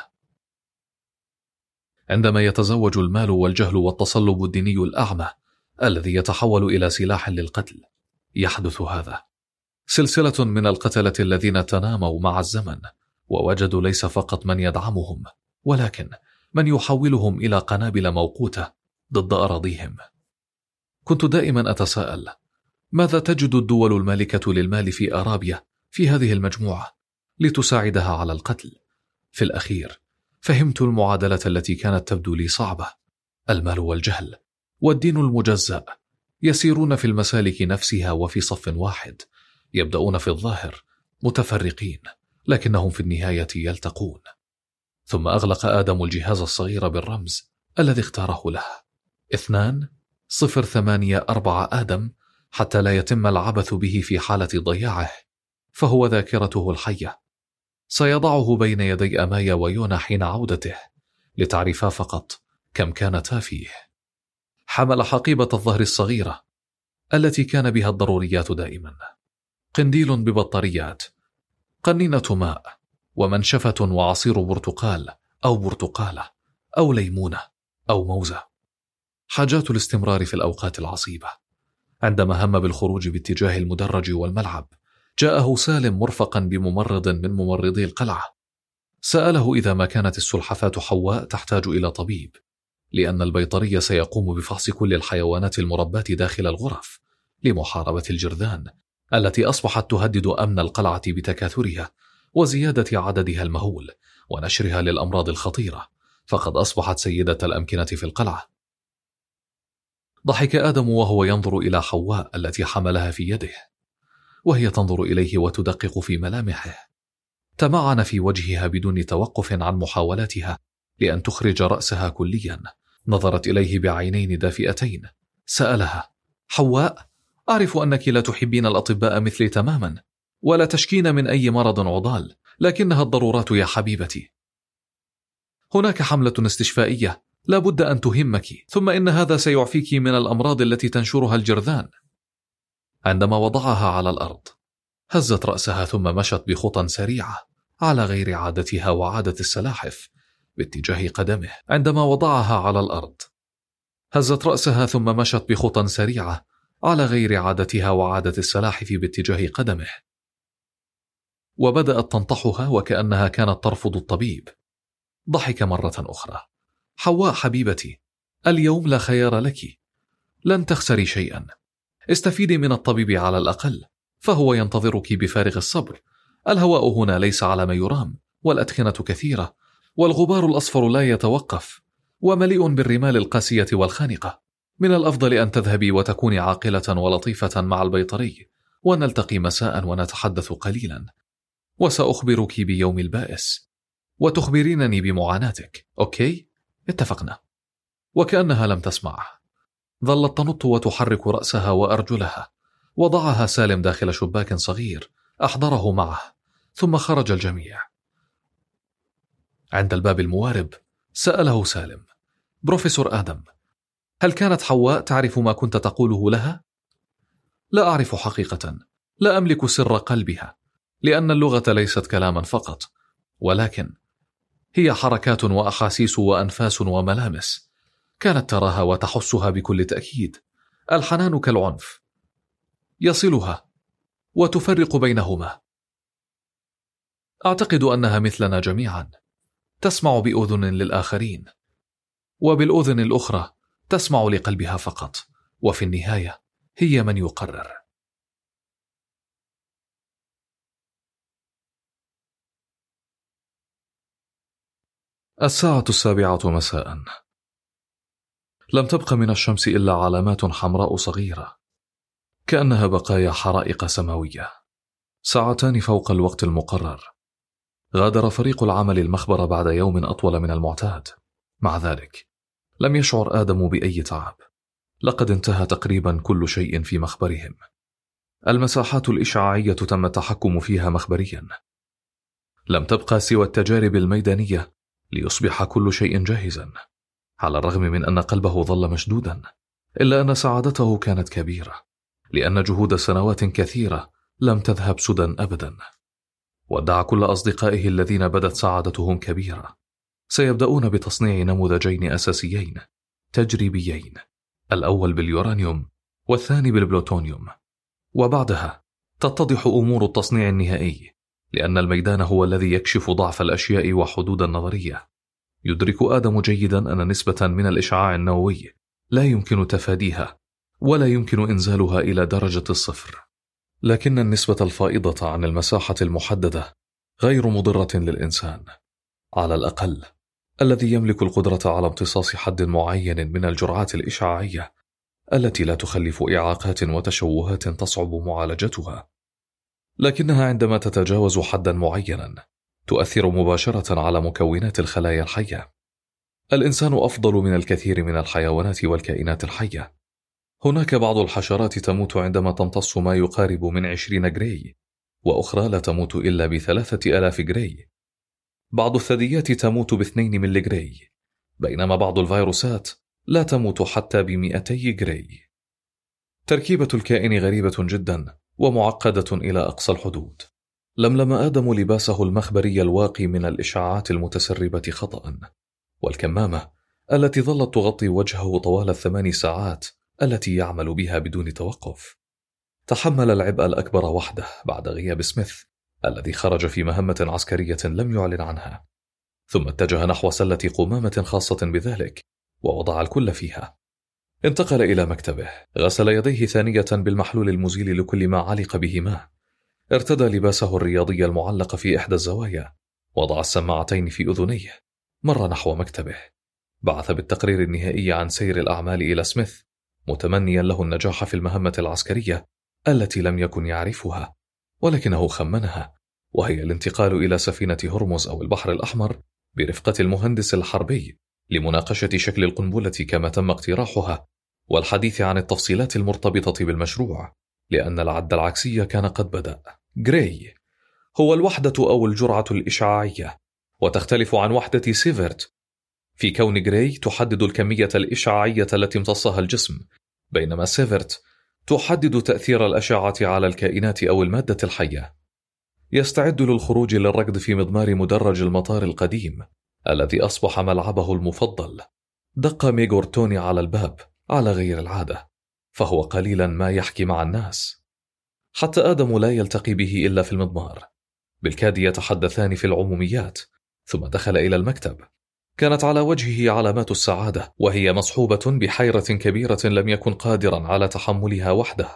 عندما يتزوج المال والجهل والتصلب الديني الأعمى الذي يتحول إلى سلاح للقتل يحدث هذا. سلسلة من القتلة الذين تناموا مع الزمن ووجدوا ليس فقط من يدعمهم ولكن من يحولهم إلى قنابل موقوتة ضد أراضيهم. كنت دائما أتساءل ماذا تجد الدول المالكة للمال في أرابيا في هذه المجموعة لتساعدها على القتل؟ في الأخير فهمت المعادلة التي كانت تبدو لي صعبة. المال والجهل والدين المجزأ يسيرون في المسالك نفسها وفي صف واحد، يبدأون في الظاهر متفرقين لكنهم في النهاية يلتقون. ثم أغلق آدم الجهاز الصغير بالرمز الذي اختاره له اثنان صفر ثمانية أربعة آدم حتى لا يتم العبث به في حالة ضياعه، فهو ذاكرته الحية. سيضعه بين يدي أمايا ويونا حين عودته لتعرفا فقط كم كانتا فيه. حمل حقيبة الظهر الصغيرة التي كان بها الضروريات دائما، قنديل ببطاريات، قنينة ماء، ومنشفة وعصير برتقال أو برتقالة أو ليمونة أو موزة. حاجات الاستمرار في الأوقات العصيبة. عندما هم بالخروج باتجاه المدرج والملعب جاءه سالم مرفقا بممرض من ممرضي القلعة. سأله إذا ما كانت السلحفاة حواء تحتاج إلى طبيب، لأن البيطري سيقوم بفحص كل الحيوانات المرباة داخل الغرف لمحاربة الجرذان التي أصبحت تهدد أمن القلعة بتكاثرها وزيادة عددها المهول ونشرها للأمراض الخطيرة، فقد أصبحت سيدة الأمكنة في القلعة. ضحك آدم وهو ينظر إلى حواء التي حملها في يده، وهي تنظر إليه وتدقق في ملامحه. تمعن في وجهها بدون توقف عن محاولاتها لأن تخرج رأسها كليا. نظرت إليه بعينين دافئتين. سألها: حواء، أعرف أنك لا تحبين الأطباء مثلي تماما، ولا تشكين من أي مرض عضال، لكنها الضرورات يا حبيبتي. هناك حملة استشفائية لا بد أن تهمك، ثم إن هذا سيعفيك من الأمراض التي تنشرها الجرذان. عندما وضعها على الأرض هزت رأسها ثم مشت بخطى سريعة على غير عادتها وعادة السلاحف باتجاه قدمه. عندما وضعها على الأرض هزت رأسها ثم مشت بخطى سريعة على غير عادتها وعادة السلاحف باتجاه قدمه، وبدأت تنطحها وكأنها كانت ترفض الطبيب. ضحك مرة أخرى. حواء حبيبتي، اليوم لا خيار لك، لن تخسري شيئا. استفيدي من الطبيب على الأقل، فهو ينتظرك بفارغ الصبر. الهواء هنا ليس على ما يرام، والأدخنة كثيرة، والغبار الأصفر لا يتوقف، ومليء بالرمال القاسية والخانقة. من الأفضل أن تذهبي وتكوني عاقلة ولطيفة مع البيطري، ونلتقي مساء ونتحدث قليلا، وسأخبرك بيوم البائس، وتخبرينني بمعاناتك. أوكي؟ اتفقنا. وكأنها لم تسمع، ظلت تنط وتحرك رأسها وأرجلها. وضعها سالم داخل شباك صغير أحضره معه، ثم خرج الجميع. عند الباب الموارب سأله سالم: بروفيسور آدم، هل كانت حواء تعرف ما كنت تقوله لها؟ لا أعرف حقيقة، لا أملك سر قلبها، لأن اللغة ليست كلاما فقط، ولكن هي حركات وأحاسيس وأنفاس وملامس. كانت تراها وتحسها بكل تأكيد. الحنان كالعنف، يصلها وتفرق بينهما. أعتقد أنها مثلنا جميعا، تسمع بأذن للآخرين، وبالأذن الأخرى تسمع لقلبها فقط، وفي النهاية هي من يقرر. الساعة السابعة مساء. لم تبق من الشمس إلا علامات حمراء صغيرة، كأنها بقايا حرائق سماوية. ساعتان فوق الوقت المقرر. غادر فريق العمل المخبر بعد يوم أطول من المعتاد. مع ذلك لم يشعر آدم بأي تعب. لقد انتهى تقريبا كل شيء في مخبرهم. المساحات الإشعاعية تم التحكم فيها مخبريا. لم تبقى سوى التجارب الميدانية ليصبح كل شيء جاهزا. على الرغم من أن قلبه ظل مشدودا، إلا أن سعادته كانت كبيرة، لأن جهود سنوات كثيرة لم تذهب سدى أبدا. ودع كل أصدقائه الذين بدت سعادتهم كبيرة. سيبدأون بتصنيع نموذجين أساسيين تجريبيين، الأول باليورانيوم والثاني بالبلوتونيوم، وبعدها تتضح أمور التصنيع النهائي، لأن الميدان هو الذي يكشف ضعف الأشياء وحدود النظرية. يدرك آدم جيدا أن نسبة من الإشعاع النووي لا يمكن تفاديها، ولا يمكن إنزالها إلى درجة الصفر، لكن النسبة الفائضة عن المساحة المحددة غير مضرة للإنسان، على الأقل الذي يملك القدرة على امتصاص حد معين من الجرعات الإشعاعية التي لا تخلف إعاقات وتشوهات تصعب معالجتها. لكنها عندما تتجاوز حدا معينا تؤثر مباشرة على مكونات الخلايا الحية. الإنسان أفضل من الكثير من الحيوانات والكائنات الحية. هناك بعض الحشرات تموت عندما تمتص ما يقارب من عشرين جراي، وأخرى لا تموت إلا بثلاثة ألاف جراي. بعض الثدييات تموت باثنين ملي جراي، بينما بعض الفيروسات لا تموت حتى بمئتي جراي. تركيبة الكائن غريبة جدا ومعقدة إلى أقصى الحدود. لملم آدم لباسه المخبري الواقي من الإشعاعات المتسربة خطأ، والكمامة التي ظلت تغطي وجهه طوال الثمان ساعات التي يعمل بها بدون توقف. تحمل العبء الأكبر وحده بعد غياب سميث الذي خرج في مهمة عسكرية لم يعلن عنها، ثم اتجه نحو سلة قمامة خاصة بذلك ووضع الكل فيها. انتقل إلى مكتبه، غسل يديه ثانية بالمحلول المزيل لكل ما علق به ماء، ارتدى لباسه الرياضي المعلق في إحدى الزوايا، وضع السماعتين في أذنيه، مر نحو مكتبه، بعث بالتقرير النهائي عن سير الأعمال إلى سميث، متمنيا له النجاح في المهمة العسكرية التي لم يكن يعرفها ولكنه خمنها، وهي الانتقال إلى سفينة هرمز أو البحر الأحمر برفقة المهندس الحربي لمناقشة شكل القنبلة كما تم اقتراحها، والحديث عن التفصيلات المرتبطة بالمشروع، لأن العد العكسي كان قد بدأ. جراي هو الوحدة أو الجرعة الإشعاعية، وتختلف عن وحدة سيفرت في كون جراي تحدد الكمية الإشعاعية التي امتصها الجسم، بينما سيفرت تحدد تأثير الأشعة على الكائنات أو المادة الحية. يستعد للخروج للركض في مضمار مدرج المطار القديم الذي أصبح ملعبه المفضل. دق ميغور توني على الباب على غير العادة، فهو قليلا ما يحكي مع الناس، حتى آدم لا يلتقي به إلا في المضمار. بالكاد يتحدثان في العموميات، ثم دخل إلى المكتب. كانت على وجهه علامات السعادة، وهي مصحوبة بحيرة كبيرة لم يكن قادرا على تحملها وحده.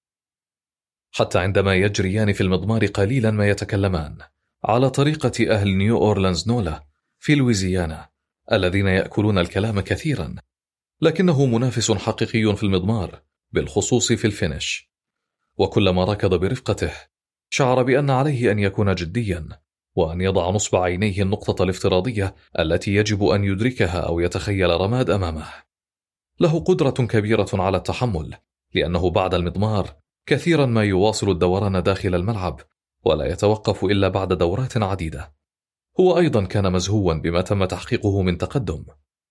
حتى عندما يجريان في المضمار قليلا ما يتكلمان على طريقة أهل نيو أورلانز نولا في لويزيانا الذين يأكلون الكلام كثيرا، لكنه منافس حقيقي في المضمار، بالخصوص في الفينش. وكلما ركض برفقته شعر بأن عليه أن يكون جديا، وأن يضع نصب عينيه النقطة الافتراضية التي يجب أن يدركها أو يتخيل رماد أمامه. له قدرة كبيرة على التحمل، لأنه بعد المضمار كثيرا ما يواصل الدوران داخل الملعب ولا يتوقف إلا بعد دورات عديدة. هو أيضا كان مزهوا بما تم تحقيقه من تقدم.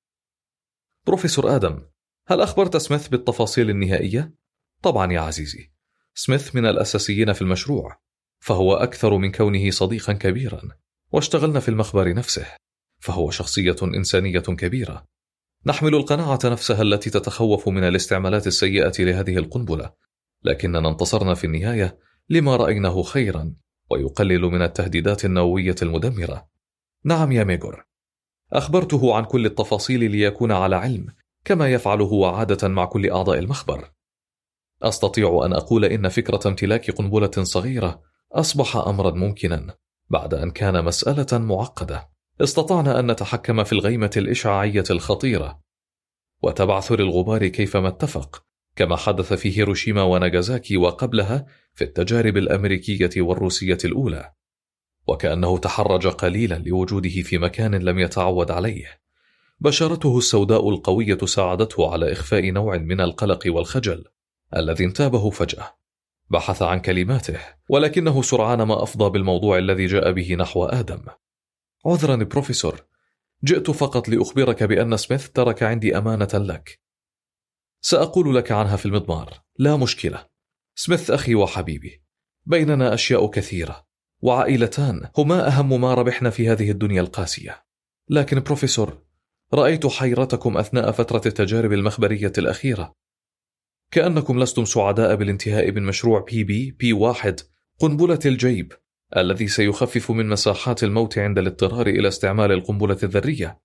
بروفيسور آدم، هل أخبرت سميث بالتفاصيل النهائية؟ طبعا يا عزيزي، سميث من الأساسيين في المشروع، فهو أكثر من كونه صديقا كبيرا، واشتغلنا في المخبر نفسه، فهو شخصية إنسانية كبيرة. نحمل القناعة نفسها التي تتخوف من الاستعمالات السيئة لهذه القنبلة، لكننا انتصرنا في النهاية لما رأيناه خيرا ويقلل من التهديدات النووية المدمرة. نعم يا ميغور، أخبرته عن كل التفاصيل ليكون على علم، كما يفعل هو عادة مع كل أعضاء المخبر. أستطيع أن أقول إن فكرة امتلاك قنبلة صغيرة أصبح أمرا ممكنا بعد أن كان مسألة معقدة. استطعنا أن نتحكم في الغيمة الإشعاعية الخطيرة وتبعثر الغبار كيفما اتفق، كما حدث في هيروشيما وناغازاكي وقبلها في التجارب الأمريكية والروسية الأولى. وكأنه تحرج قليلا لوجوده في مكان لم يتعود عليه. بشرته السوداء القوية ساعدته على إخفاء نوع من القلق والخجل الذي انتابه فجأة. بحث عن كلماته، ولكنه سرعان ما أفضى بالموضوع الذي جاء به نحو آدم. عذرا بروفيسور، جئت فقط لأخبرك بأن سميث ترك عندي أمانة لك، سأقول لك عنها في المضمار. لا مشكلة، سميث أخي وحبيبي، بيننا أشياء كثيرة، وعائلتان هما أهم ما ربحنا في هذه الدنيا القاسية. لكن بروفيسور، رأيت حيرتكم أثناء فترة التجارب المخبرية الأخيرة، كأنكم لستم سعداء بالانتهاء من مشروع بي بي بي واحد، قنبلة الجيب الذي سيخفف من مساحات الموت عند الاضطرار إلى استعمال القنبلة الذرية.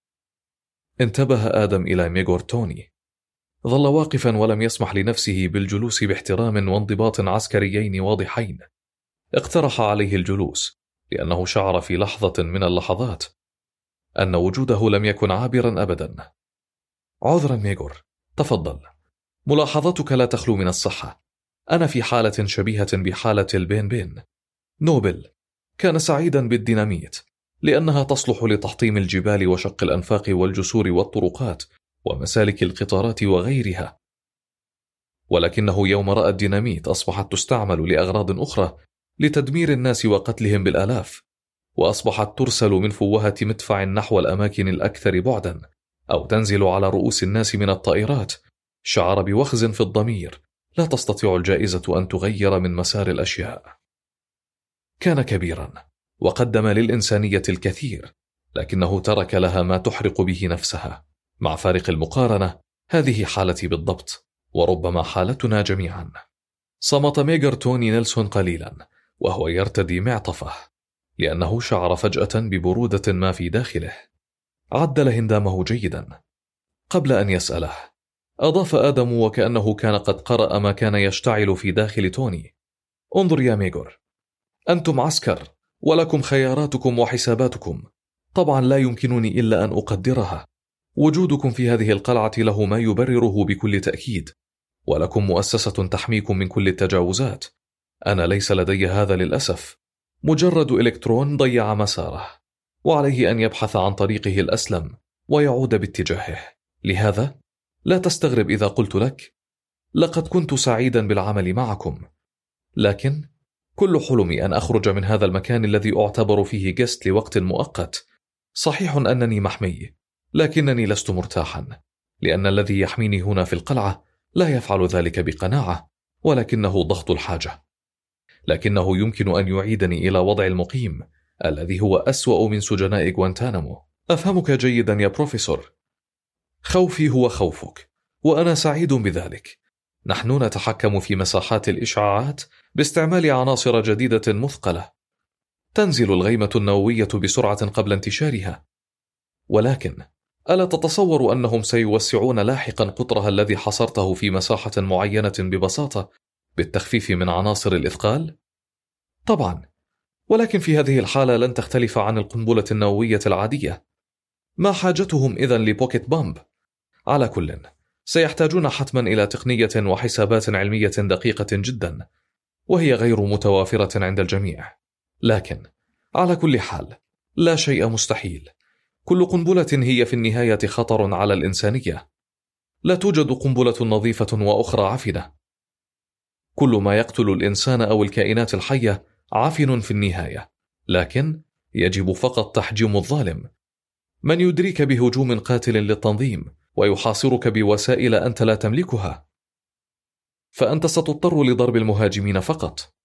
انتبه آدم إلى ميغور توني. ظل واقفا ولم يسمح لنفسه بالجلوس باحترام وانضباط عسكريين واضحين. اقترح عليه الجلوس لأنه شعر في لحظة من اللحظات أن وجوده لم يكن عابرا أبدا. عذرا ميغور، تفضل. ملاحظتك لا تخلو من الصحة. أنا في حالة شبيهة بحالة البين بين. نوبل كان سعيدا بالديناميت لأنها تصلح لتحطيم الجبال وشق الأنفاق والجسور والطرقات ومسالك القطارات وغيرها، ولكنه يوم رأى الديناميت أصبحت تستعمل لأغراض أخرى، لتدمير الناس وقتلهم بالآلاف، وأصبحت ترسل من فوهة مدفع نحو الأماكن الأكثر بعدا، أو تنزل على رؤوس الناس من الطائرات. شعر بوخز في الضمير لا تستطيع الجائزة أن تغير من مسار الأشياء. كان كبيرا وقدم للإنسانية الكثير، لكنه ترك لها ما تحرق به نفسها. مع فارق المقارنة، هذه حالتي بالضبط، وربما حالتنا جميعا. صمت ميغور توني نيلسون قليلا وهو يرتدي معطفه، لأنه شعر فجأة ببرودة ما في داخله. عدل هندامه جيدا قبل أن يسأله. أضاف آدم وكأنه كان قد قرأ ما كان يشتعل في داخل توني: انظر يا ميغور، أنتم عسكر ولكم خياراتكم وحساباتكم، طبعا لا يمكنني إلا أن أقدرها. وجودكم في هذه القلعة له ما يبرره بكل تأكيد، ولكم مؤسسة تحميكم من كل التجاوزات. أنا ليس لدي هذا للأسف، مجرد إلكترون ضيع مساره، وعليه أن يبحث عن طريقه الأسلم ويعود باتجاهه. لهذا لا تستغرب إذا قلت لك لقد كنت سعيدا بالعمل معكم، لكن كل حلمي أن أخرج من هذا المكان الذي أعتبر فيه جست لوقت مؤقت. صحيح أنني محمي، لكنني لست مرتاحا، لأن الذي يحميني هنا في القلعة لا يفعل ذلك بقناعة، ولكنه ضغط الحاجة. لكنه يمكن أن يعيدني إلى وضع المقيم الذي هو أسوأ من سجناء غوانتانامو. أفهمك جيدا يا بروفيسور. خوفي هو خوفك، وأنا سعيد بذلك. نحن نتحكم في مساحات الإشعاعات باستعمال عناصر جديدة مثقلة. تنزل الغيمة النووية بسرعة قبل انتشارها، ولكن ألا تتصور أنهم سيوسعون لاحقا قطرها الذي حصرته في مساحة معينة ببساطة بالتخفيف من عناصر الإثقال؟ طبعا، ولكن في هذه الحالة لن تختلف عن القنبلة النووية العادية. ما حاجتهم إذن لبوكيت بامب؟ على كل، سيحتاجون حتما إلى تقنية وحسابات علمية دقيقة جدا، وهي غير متوافرة عند الجميع. لكن على كل حال لا شيء مستحيل. كل قنبلة هي في النهاية خطر على الإنسانية. لا توجد قنبلة نظيفة وأخرى عفنة. كل ما يقتل الإنسان أو الكائنات الحية عفن في النهاية، لكن يجب فقط تحجيم الظالم. من يدريك بهجوم قاتل للتنظيم ويحاصرك بوسائل أنت لا تملكها، فأنت ستضطر لضرب المهاجمين فقط.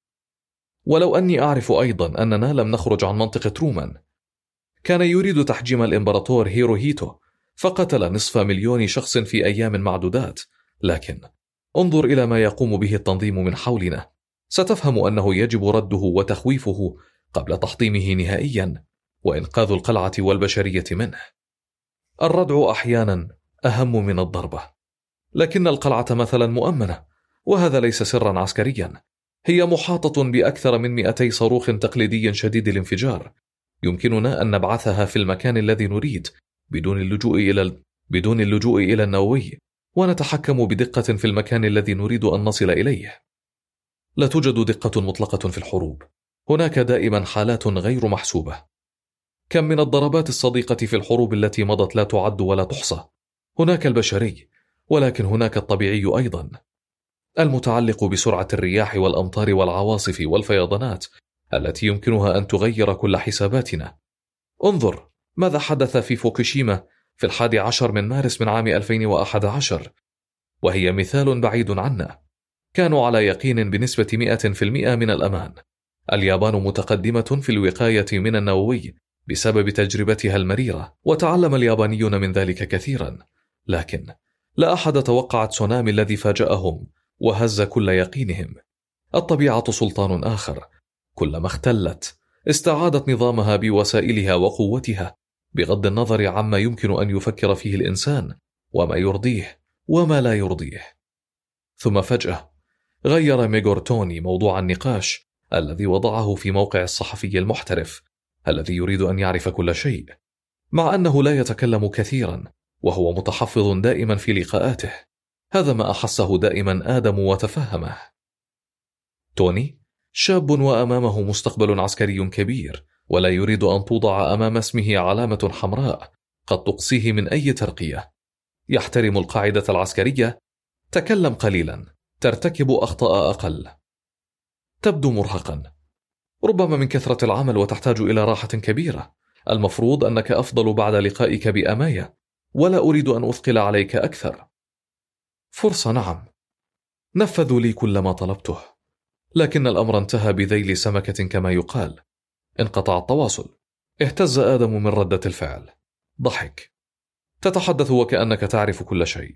ولو أني أعرف أيضا أننا لم نخرج عن منطقة ترومان. كان يريد تحجيم الإمبراطور هيروهيتو، فقتل نصف مليون شخص في أيام معدودات. لكن انظر إلى ما يقوم به التنظيم من حولنا، ستفهم أنه يجب رده وتخويفه قبل تحطيمه نهائيا وإنقاذ القلعة والبشرية منه. الردع أحيانا أهم من الضربة. لكن القلعة مثلا مؤمنة، وهذا ليس سرا عسكريا. هي محاطة بأكثر من مئتي صاروخ تقليدي شديد الانفجار. يمكننا أن نبعثها في المكان الذي نريد بدون اللجوء إلى ال... بدون اللجوء إلى النووي، ونتحكم بدقة في المكان الذي نريد أن نصل إليه. لا توجد دقة مطلقة في الحروب، هناك دائما حالات غير محسوبة. كم من الضربات الصديقة في الحروب التي مضت لا تعد ولا تحصى. هناك البشري، ولكن هناك الطبيعي أيضا، المتعلق بسرعة الرياح والأمطار والعواصف والفيضانات التي يمكنها أن تغير كل حساباتنا. انظر ماذا حدث في فوكوشيما في الحادي عشر من مارس من عام ألفين وأحد عشر، وهي مثال بعيد عنا. كانوا على يقين بنسبة مئة في المئة من الأمان. اليابان متقدمة في الوقاية من النووي بسبب تجربتها المريرة، وتعلم اليابانيون من ذلك كثيرا. لكن لا أحد توقع تسونامي الذي فاجأهم وهز كل يقينهم. الطبيعة سلطان آخر، كلما اختلت استعادت نظامها بوسائلها وقوتها، بغض النظر عما يمكن أن يفكر فيه الإنسان وما يرضيه وما لا يرضيه. ثم فجأة غير ميغورتوني موضوع النقاش الذي وضعه في موقع الصحفي المحترف الذي يريد أن يعرف كل شيء، مع أنه لا يتكلم كثيرا وهو متحفظ دائما في لقاءاته. هذا ما أحسه دائما آدم وتفهمه. توني شاب وأمامه مستقبل عسكري كبير، ولا يريد أن توضع أمام اسمه علامة حمراء قد تقصيه من أي ترقية. يحترم القاعدة العسكرية. تكلم قليلا، ترتكب أخطاء أقل. تبدو مرهقا، ربما من كثرة العمل، وتحتاج إلى راحة كبيرة. المفروض أنك أفضل بعد لقائك بأمايا، ولا أريد أن أثقل عليك أكثر. فرصة، نعم. نفذوا لي كل ما طلبته، لكن الأمر انتهى بذيل سمكة كما يقال. انقطع التواصل. اهتز آدم من ردة الفعل. ضحك. تتحدث وكأنك تعرف كل شيء.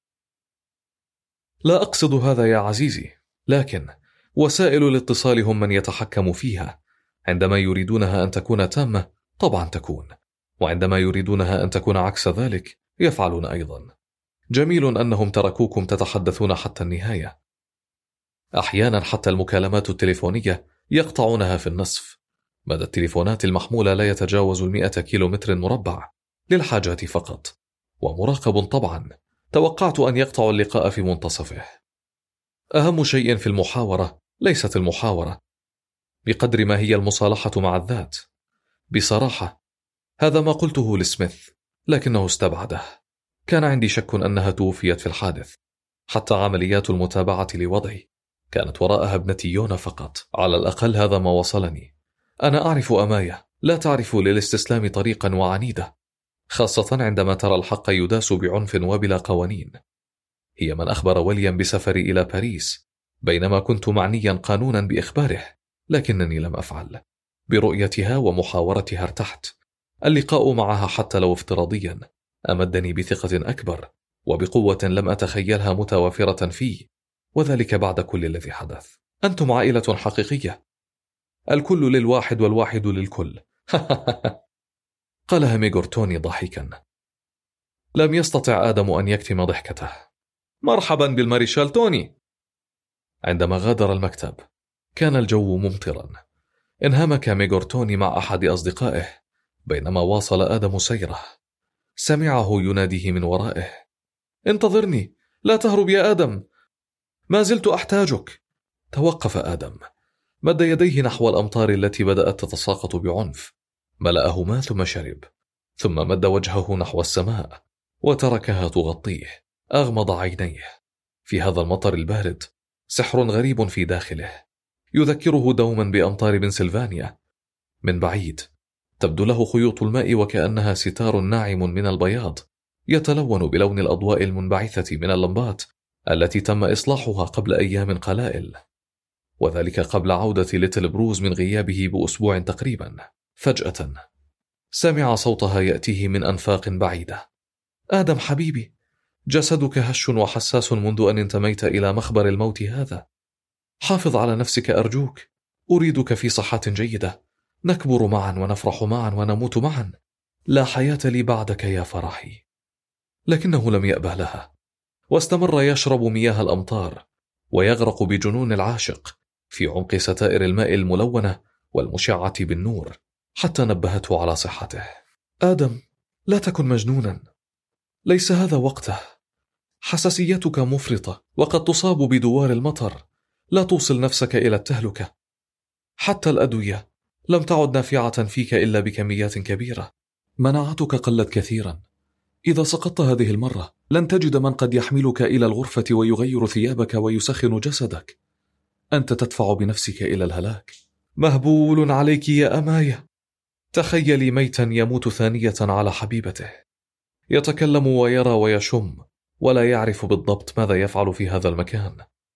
لا أقصد هذا يا عزيزي، لكن وسائل الاتصال هم من يتحكم فيها. عندما يريدونها أن تكون تامة طبعا تكون، وعندما يريدونها أن تكون عكس ذلك يفعلون أيضا. جميل أنهم تركوكم تتحدثون حتى النهاية. أحيانا حتى المكالمات التليفونية يقطعونها في النصف. مدى التليفونات المحمولة لا يتجاوز المئة كيلومتر مربع للحاجات فقط، ومراقب طبعا. توقعت أن يقطع اللقاء في منتصفه. أهم شيء في المحاورة ليست المحاورة بقدر ما هي المصالحة مع الذات. بصراحة هذا ما قلته لسميث، لكنه استبعده. كان عندي شك أنها توفيت في الحادث. حتى عمليات المتابعة لوضعي كانت وراءها ابنتي يونا فقط. على الأقل هذا ما وصلني. أنا أعرف أماية لا تعرف للاستسلام طريقا وعنيدة، خاصة عندما ترى الحق يداس بعنف وبلا قوانين. هي من أخبر ويليام بسفري إلى باريس، بينما كنت معنيا قانونا بإخباره، لكنني لم أفعل. برؤيتها ومحاورتها ارتحت. اللقاء معها حتى لو افتراضيا أمدني بثقة أكبر وبقوة لم أتخيلها متوافرة فيه، وذلك بعد كل الذي حدث. أنتم عائلة حقيقية، الكل للواحد والواحد للكل. قالها ميغور توني ضاحكا. لم يستطع آدم أن يكتم ضحكته. مرحبا بالماريشال توني. عندما غادر المكتب كان الجو ممطرا. انهمك ميغور توني مع أحد أصدقائه بينما واصل آدم سيره. سمعه يناديه من ورائه: انتظرني، لا تهرب يا آدم، ما زلت أحتاجك. توقف آدم، مد يديه نحو الأمطار التي بدأت تتساقط بعنف، ملأهما ثم شرب، ثم مد وجهه نحو السماء وتركها تغطيه. أغمض عينيه. في هذا المطر البارد سحر غريب في داخله، يذكره دوما بأمطار بنسلفانيا. من بعيد تبدو له خيوط الماء وكأنها ستار ناعم من البياض يتلون بلون الأضواء المنبعثة من اللمبات التي تم إصلاحها قبل أيام قلائل، وذلك قبل عودة ليتل بروز من غيابه بأسبوع تقريبا. فجأة سمع صوتها يأتيه من أنفاق بعيدة: آدم حبيبي، جسدك هش وحساس منذ أن انتميت إلى مخبر الموت هذا. حافظ على نفسك أرجوك، أريدك في صحة جيدة، نكبر معا ونفرح معا ونموت معا. لا حياة لي بعدك يا فرحي. لكنه لم يأبه لها، واستمر يشرب مياه الأمطار ويغرق بجنون العاشق في عمق ستائر الماء الملونة والمشعة بالنور، حتى نبهته على صحته. آدم، لا تكن مجنونا، ليس هذا وقته. حساسيتك مفرطة وقد تصاب بدوار المطر، لا توصل نفسك إلى التهلكة. حتى الأدوية لم تعد نافعة فيك إلا بكميات كبيرة. مناعتك قلت كثيرا. إذا سقطت هذه المرة لن تجد من قد يحملك إلى الغرفة ويغير ثيابك ويسخن جسدك. أنت تدفع بنفسك إلى الهلاك. مهبول عليك يا أماية. تخيلي ميتا يموت ثانية على حبيبته، يتكلم ويرى ويشم ولا يعرف بالضبط ماذا يفعل في هذا المكان.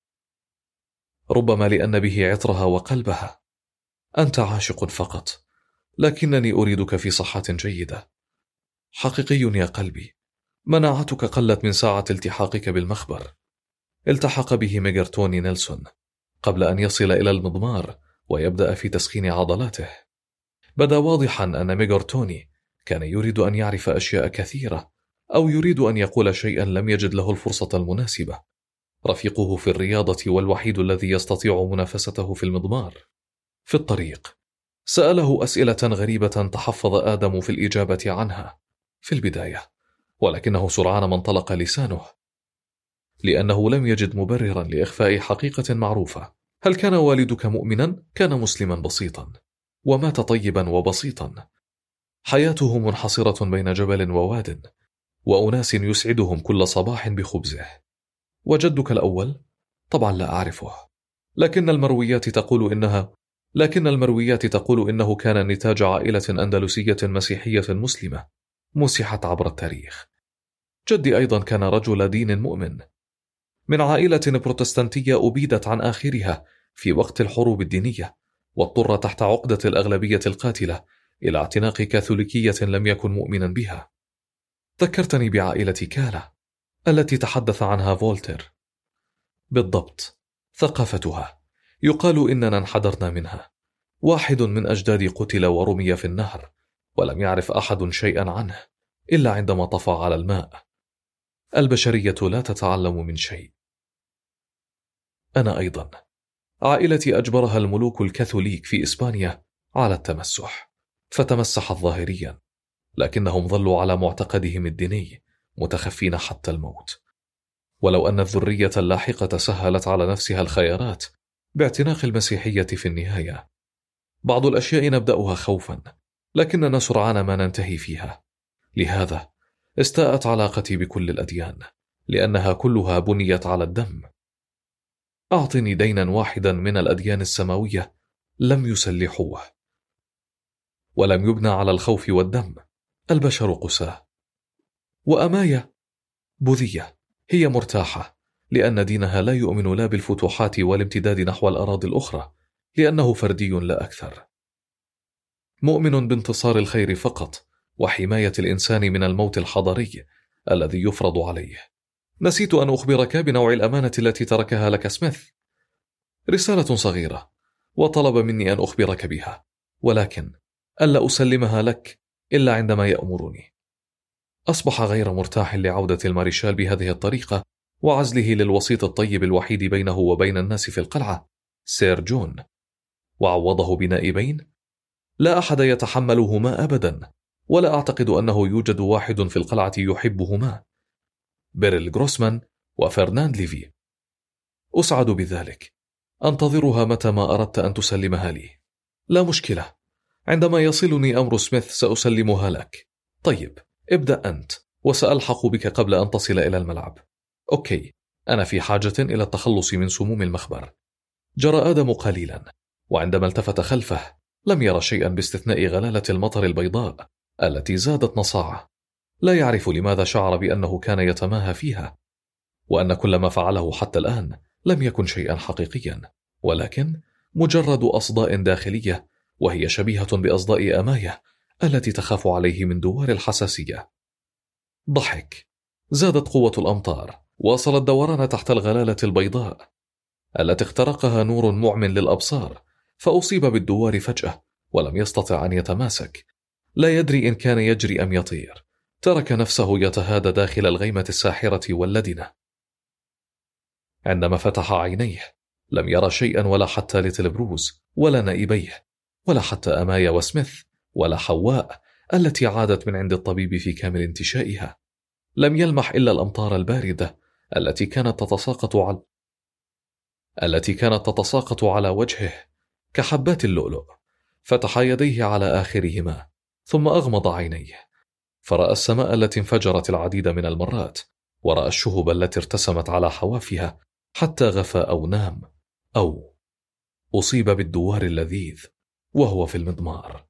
ربما لأن به عطرها وقلبها. أنت عاشق فقط، لكنني أريدك في صحة جيدة. حقيقي يا قلبي، مناعتك قلت من ساعة التحاقك بالمخبر. التحق به ميغور توني نيلسون قبل أن يصل إلى المضمار ويبدأ في تسخين عضلاته. بدا واضحا أن ميغور توني كان يريد أن يعرف أشياء كثيرة، أو يريد أن يقول شيئا لم يجد له الفرصة المناسبة. رفيقه في الرياضة والوحيد الذي يستطيع منافسته في المضمار. في الطريق سأله أسئلة غريبة تحفظ آدم في الإجابة عنها في البداية، ولكنه سرعان ما انطلق لسانه، لأنه لم يجد مبررا لإخفاء حقيقة معروفة. هل كان والدك مؤمنا؟ كان مسلما بسيطا ومات طيبا وبسيطا. حياته منحصرة بين جبل وواد وأناس يسعدهم كل صباح بخبزه. وجدك الأول؟ طبعا لا أعرفه، لكن المرويات تقول إنها لكن المرويات تقول إنه كان نتاج عائلة أندلسية مسيحية مسلمة مسحت عبر التاريخ. جدي أيضا كان رجل دين مؤمن من عائلة بروتستانتية أبيدت عن آخرها في وقت الحروب الدينية، واضطر تحت عقدة الأغلبية القاتلة إلى اعتناق كاثوليكية لم يكن مؤمنا بها. ذكرتني بعائلة كالا التي تحدث عنها فولتير. بالضبط، ثقافتها يقال إننا انحدرنا منها. واحد من أجدادي قتل ورمي في النهر، ولم يعرف أحد شيئا عنه إلا عندما طفى على الماء. البشرية لا تتعلم من شيء. أنا أيضا عائلتي أجبرها الملوك الكاثوليك في إسبانيا على التمسح، فتمسحت ظاهريا، لكنهم ظلوا على معتقدهم الديني متخفين حتى الموت. ولو أن الذرية اللاحقة سهلت على نفسها الخيارات باعتناق المسيحية في النهاية. بعض الأشياء نبدأها خوفا، لكننا سرعان ما ننتهي فيها. لهذا استاءت علاقتي بكل الأديان، لأنها كلها بنيت على الدم. أعطني دينا واحدا من الأديان السماوية لم يسلحوه، ولم يبنى على الخوف والدم. البشر قساة. وأمايا بوذية هي مرتاحة، لأن دينها لا يؤمن لا بالفتوحات والامتداد نحو الأراضي الأخرى، لأنه فردي لا أكثر. مؤمن بانتصار الخير فقط، وحماية الإنسان من الموت الحضاري الذي يفرض عليه. نسيت أن أخبرك بنوع الأمانة التي تركها لك سميث. رسالة صغيرة، وطلب مني أن أخبرك بها، ولكن ألا أسلمها لك إلا عندما يأمرني. أصبح غير مرتاح لعودة الماريشال بهذه الطريقة وعزله للوسيط الطيب الوحيد بينه وبين الناس في القلعة، سير جون، وعوضه بنائبين لا أحد يتحملهما أبدا، ولا أعتقد أنه يوجد واحد في القلعة يحبهما، بيريل غروسمان وفرناند ليفي. أسعد بذلك. أنتظرها متى ما أردت أن تسلمها لي. لا مشكلة، عندما يصلني أمر سميث سأسلمها لك. طيب، ابدأ أنت، وسألحق بك قبل أن تصل إلى الملعب. أوكي، أنا في حاجة إلى التخلص من سموم المخبر. جرى آدم قليلا، وعندما التفت خلفه لم يرى شيئا باستثناء غلالة المطر البيضاء التي زادت نصاعه. لا يعرف لماذا شعر بأنه كان يتماهى فيها، وأن كل ما فعله حتى الآن لم يكن شيئا حقيقيا، ولكن مجرد أصداء داخلية، وهي شبيهة بأصداء أماية التي تخاف عليه من دوار الحساسية. ضحك. زادت قوة الأمطار، واصل الدوران تحت الغلالة البيضاء التي اخترقها نور معم للأبصار، فأصيب بالدوار فجأة ولم يستطع أن يتماسك. لا يدري إن كان يجري أم يطير. ترك نفسه يتهادى داخل الغيمة الساحرة واللدنة. عندما فتح عينيه لم يرى شيئا، ولا حتى ليتل بروز، ولا نائبيه، ولا حتى أمايا وسميث، ولا حواء التي عادت من عند الطبيب في كامل انتشائها. لم يلمح إلا الأمطار الباردة التي كانت تتساقط على التي كانت تتساقط على وجهه كحبات اللؤلؤ. فتح يديه على آخرهما، ثم أغمض عينيه، فرأى السماء التي انفجرت العديد من المرات، ورأى الشهب التي ارتسمت على حوافها، حتى غفى أو نام، أو أصيب بالدوار اللذيذ وهو في المضمار.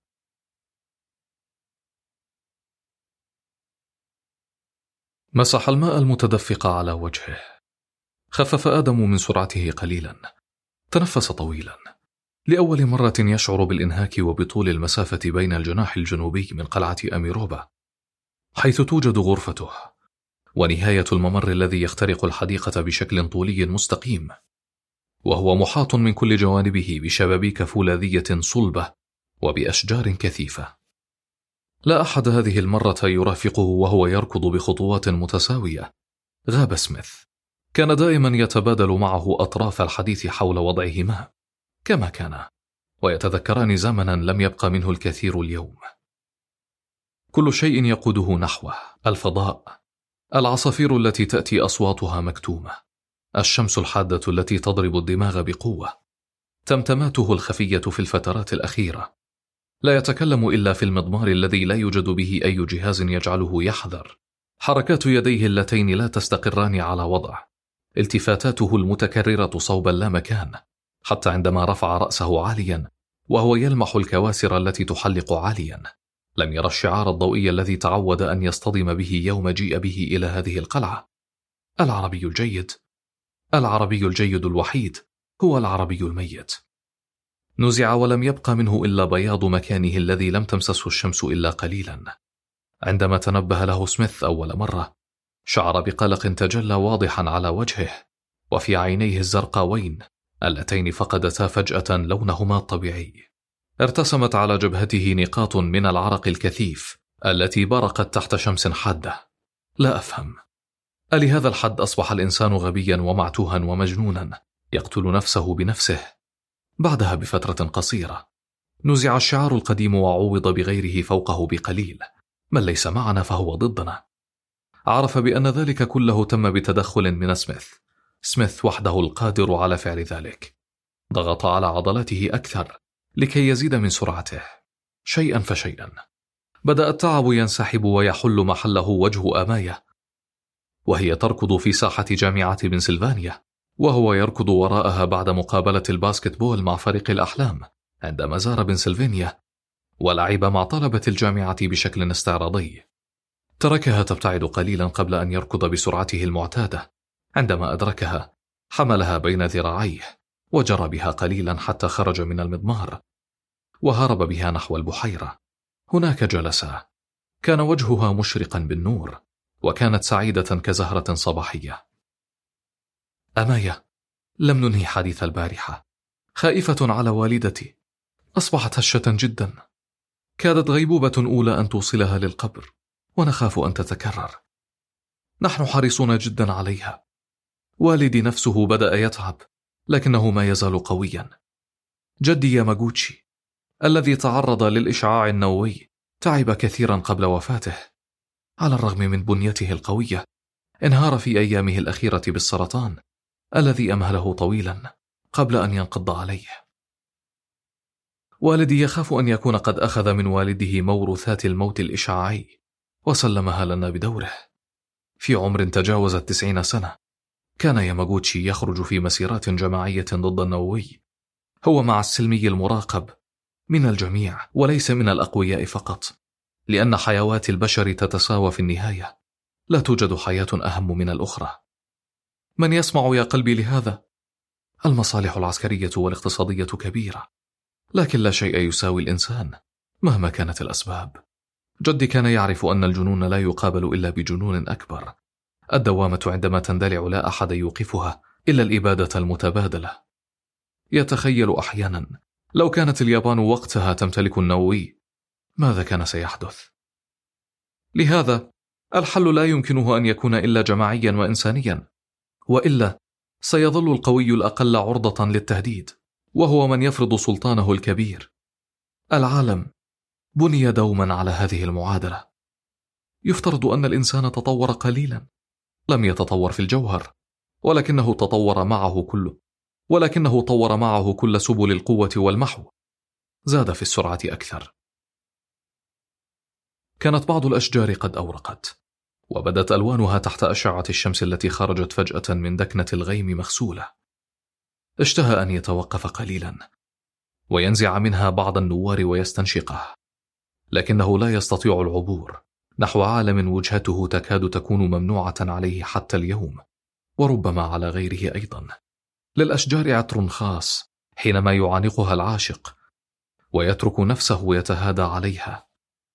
مسح الماء المتدفق على وجهه. خفف آدم من سرعته قليلا. تنفس طويلا. لأول مرة يشعر بالإنهاك وبطول المسافة بين الجناح الجنوبي من قلعة أميروبا، حيث توجد غرفته، ونهاية الممر الذي يخترق الحديقة بشكل طولي مستقيم، وهو محاط من كل جوانبه بشبابيك فولاذية صلبة وبأشجار كثيفة. لا أحد هذه المرة يرافقه وهو يركض بخطوات متساوية. غاب سميث. كان دائما يتبادل معه أطراف الحديث حول وضعهما كما كان، ويتذكران زمنا لم يبقى منه الكثير اليوم. كل شيء يقوده نحوه: الفضاء، العصافير التي تأتي أصواتها مكتومة، الشمس الحادة التي تضرب الدماغ بقوة، تمتماته الخفية في الفترات الأخيرة. لا يتكلم إلا في المضمار الذي لا يوجد به أي جهاز يجعله يحذر. حركات يديه اللتين لا تستقران على وضع، التفاتاته المتكررة صوب اللامكان، حتى عندما رفع رأسه عاليا وهو يلمح الكواسر التي تحلق عاليا. لم يرى الشعار الضوئي الذي تعود أن يصطدم به يوم جيء به إلى هذه القلعة. العربي الجيد، العربي الجيد الوحيد هو العربي الميت. نزع ولم يبقى منه إلا بياض مكانه الذي لم تمسسه الشمس إلا قليلا. عندما تنبه له سميث أول مرة، شعر بقلق تجلى واضحا على وجهه، وفي عينيه الزرقاوين اللتين فقدتا فجأة لونهما الطبيعي. ارتسمت على جبهته نقاط من العرق الكثيف التي برقت تحت شمس حادة. لا أفهم، ألهذا الحد أصبح الإنسان غبيا ومعتوها ومجنونا يقتل نفسه بنفسه؟ بعدها بفترة قصيرة نزع الشعار القديم وعوض بغيره فوقه بقليل: من ليس معنا فهو ضدنا. عرف بأن ذلك كله تم بتدخل من سميث. سميث وحده القادر على فعل ذلك. ضغط على عضلاته أكثر لكي يزيد من سرعته. شيئا فشيئا بدأ التعب ينسحب ويحل محله وجه أماية، وهي تركض في ساحة جامعة بنسلفانيا، وهو يركض وراءها بعد مقابلة الباسكتبول مع فريق الأحلام عندما زار بنسلفانيا ولعب مع طلبة الجامعة بشكل استعراضي. تركها تبتعد قليلا قبل أن يركض بسرعته المعتادة. عندما أدركها حملها بين ذراعيه وجرى بها قليلا حتى خرج من المضمار وهرب بها نحو البحيرة. هناك جلسا. كان وجهها مشرقا بالنور وكانت سعيدة كزهرة صباحية. أماية، لم ننهي حديث البارحة. خائفة على والدتي. أصبحت هشة جدا. كادت غيبوبة أولى أن توصلها للقبر، ونخاف أن تتكرر. نحن حريصون جدا عليها. والدي نفسه بدأ يتعب، لكنه ما يزال قويا. جدي ياماغوتشي الذي تعرض للإشعاع النووي تعب كثيرا قبل وفاته. على الرغم من بنيته القوية، انهار في أيامه الأخيرة بالسرطان الذي أمهله طويلا قبل أن ينقض عليه. والدي يخاف أن يكون قد أخذ من والده موروثات الموت الإشعاعي وسلمها لنا بدوره. في عمر تجاوز التسعين سنة كان ياماغوتشي يخرج في مسيرات جماعية ضد النووي، هو مع السلمي المراقب من الجميع وليس من الأقوياء فقط، لأن حيوات البشر تتساوى في النهاية. لا توجد حياة أهم من الأخرى. من يسمع يا قلبي لهذا؟ المصالح العسكرية والاقتصادية كبيرة، لكن لا شيء يساوي الإنسان مهما كانت الأسباب. جدي كان يعرف أن الجنون لا يقابل إلا بجنون أكبر. الدوامة عندما تندلع لا أحد يوقفها إلا الإبادة المتبادلة. يتخيل أحيانا لو كانت اليابان وقتها تمتلك النووي ماذا كان سيحدث؟ لهذا الحل لا يمكنه أن يكون إلا جماعيا وإنسانيا، وإلا سيظل القوي الأقل عرضة للتهديد، وهو من يفرض سلطانه الكبير. العالم بني دوما على هذه المعادلة. يفترض أن الإنسان تطور قليلا، لم يتطور في الجوهر، ولكنه تطور معه كله ولكنه طور معه كل سبل القوة والمحو. زاد في السرعة أكثر. كانت بعض الأشجار قد أورقت، وبدت ألوانها تحت أشعة الشمس التي خرجت فجأة من دكنة الغيم مغسولة. اشتهى أن يتوقف قليلا وينزع منها بعض النوار ويستنشقه، لكنه لا يستطيع العبور نحو عالم وجهته تكاد تكون ممنوعة عليه حتى اليوم، وربما على غيره أيضا. للأشجار عطر خاص حينما يعانقها العاشق ويترك نفسه يتهادى عليها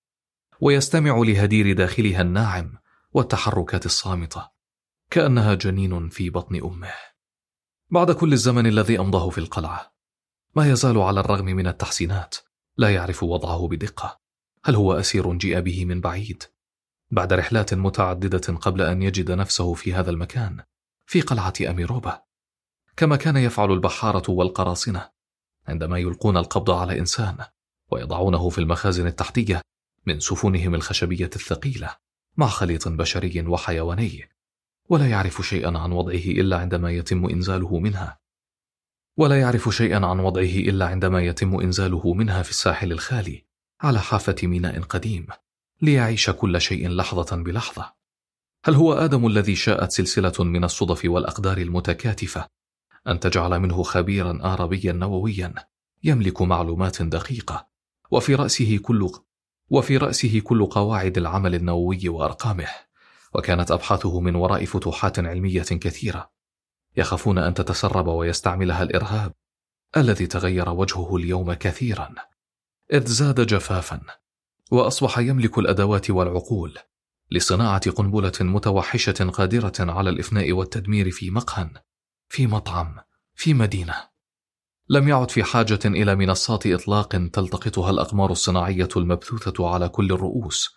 ويستمع لهدير داخلها الناعم والتحركات الصامتة كأنها جنين في بطن أمه. بعد كل الزمن الذي أمضاه في القلعة ما يزال على الرغم من التحسينات لا يعرف وضعه بدقة. هل هو أسير جيء به من بعيد بعد رحلات متعددة قبل أن يجد نفسه في هذا المكان في قلعة أميروبا، كما كان يفعل البحارة والقراصنة عندما يلقون القبض على إنسان ويضعونه في المخازن التحتية من سفنهم الخشبية الثقيلة مع خليط بشري وحيواني، ولا يعرف شيئا عن وضعه إلا عندما يتم إنزاله منها ولا يعرف شيئا عن وضعه إلا عندما يتم إنزاله منها في الساحل الخالي على حافة ميناء قديم ليعيش كل شيء لحظة بلحظة. هل هو آدم الذي شاءت سلسلة من الصدف والأقدار المتكاتفة أن تجعل منه خبيرا آرابيا نوويا يملك معلومات دقيقة وفي رأسه كل وفي رأسه كل قواعد العمل النووي وأرقامه، وكانت أبحاثه من وراء فتوحات علمية كثيرة يخافون أن تتسرب ويستعملها الإرهاب الذي تغير وجهه اليوم كثيرا إذ زاد جفافا وأصبح يملك الأدوات والعقول لصناعة قنبلة متوحشة قادرة على الإفناء والتدمير في مقهى، في مطعم، في مدينة. لم يعد في حاجة إلى منصات إطلاق تلتقطها الأقمار الصناعية المبثوثة على كل الرؤوس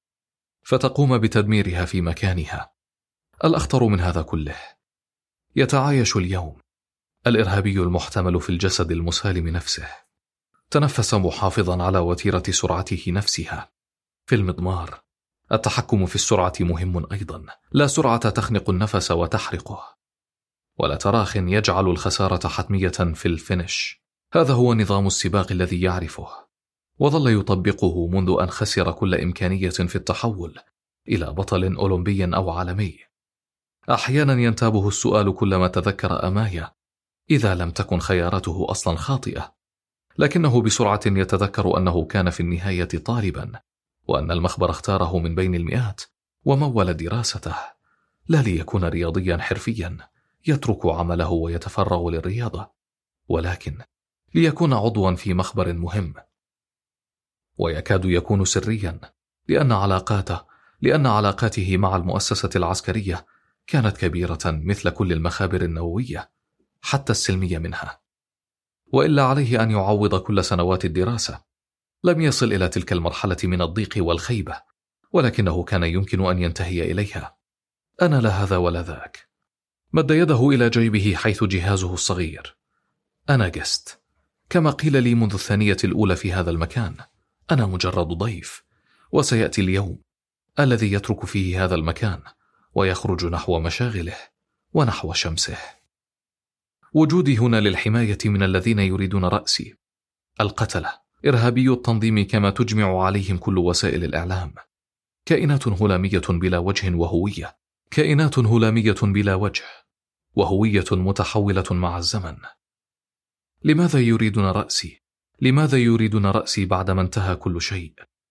فتقوم بتدميرها في مكانها. الأخطر من هذا كله، يتعايش اليوم الإرهابي المحتمل في الجسد المسالم نفسه تنفس محافظا على وتيرة سرعته نفسها. في المضمار، التحكم في السرعة مهم أيضا. لا سرعة تخنق النفس وتحرقه، ولا تراخ يجعل الخسارة حتمية في الفينش. هذا هو نظام السباق الذي يعرفه، وظل يطبقه منذ أن خسر كل إمكانية في التحول إلى بطل أولمبي أو عالمي. أحيانا ينتابه السؤال كلما تذكر أمايا، إذا لم تكن خياراته أصلا خاطئة، لكنه بسرعة يتذكر أنه كان في النهاية طالبا، وأن المخبر اختاره من بين المئات ومول دراسته، لا ليكون رياضيا حرفيا يترك عمله ويتفرغ للرياضة، ولكن ليكون عضوا في مخبر مهم، ويكاد يكون سريا، لأن علاقاته لأن علاقاته مع المؤسسة العسكرية كانت كبيرة مثل كل المخابر النووية، حتى السلمية منها. وإلا عليه أن يعوض كل سنوات الدراسة. لم يصل إلى تلك المرحلة من الضيق والخيبة، ولكنه كان يمكن أن ينتهي إليها. أنا لا هذا ولا ذاك. مد يده إلى جيبه حيث جهازه الصغير. أنا جست، كما قيل لي منذ الثانية الأولى في هذا المكان. أنا مجرد ضيف، وسيأتي اليوم الذي يترك فيه هذا المكان ويخرج نحو مشاغله ونحو شمسه. وجودي هنا للحماية من الذين يريدون رأسي، القتلة، إرهابي التنظيم كما تجمع عليهم كل وسائل الإعلام. كائنات هلامية بلا وجه وهوية، كائنات هلامية بلا وجه وهوية متحولة مع الزمن. لماذا يريدون رأسي؟ لماذا يريدون رأسي بعدما انتهى كل شيء؟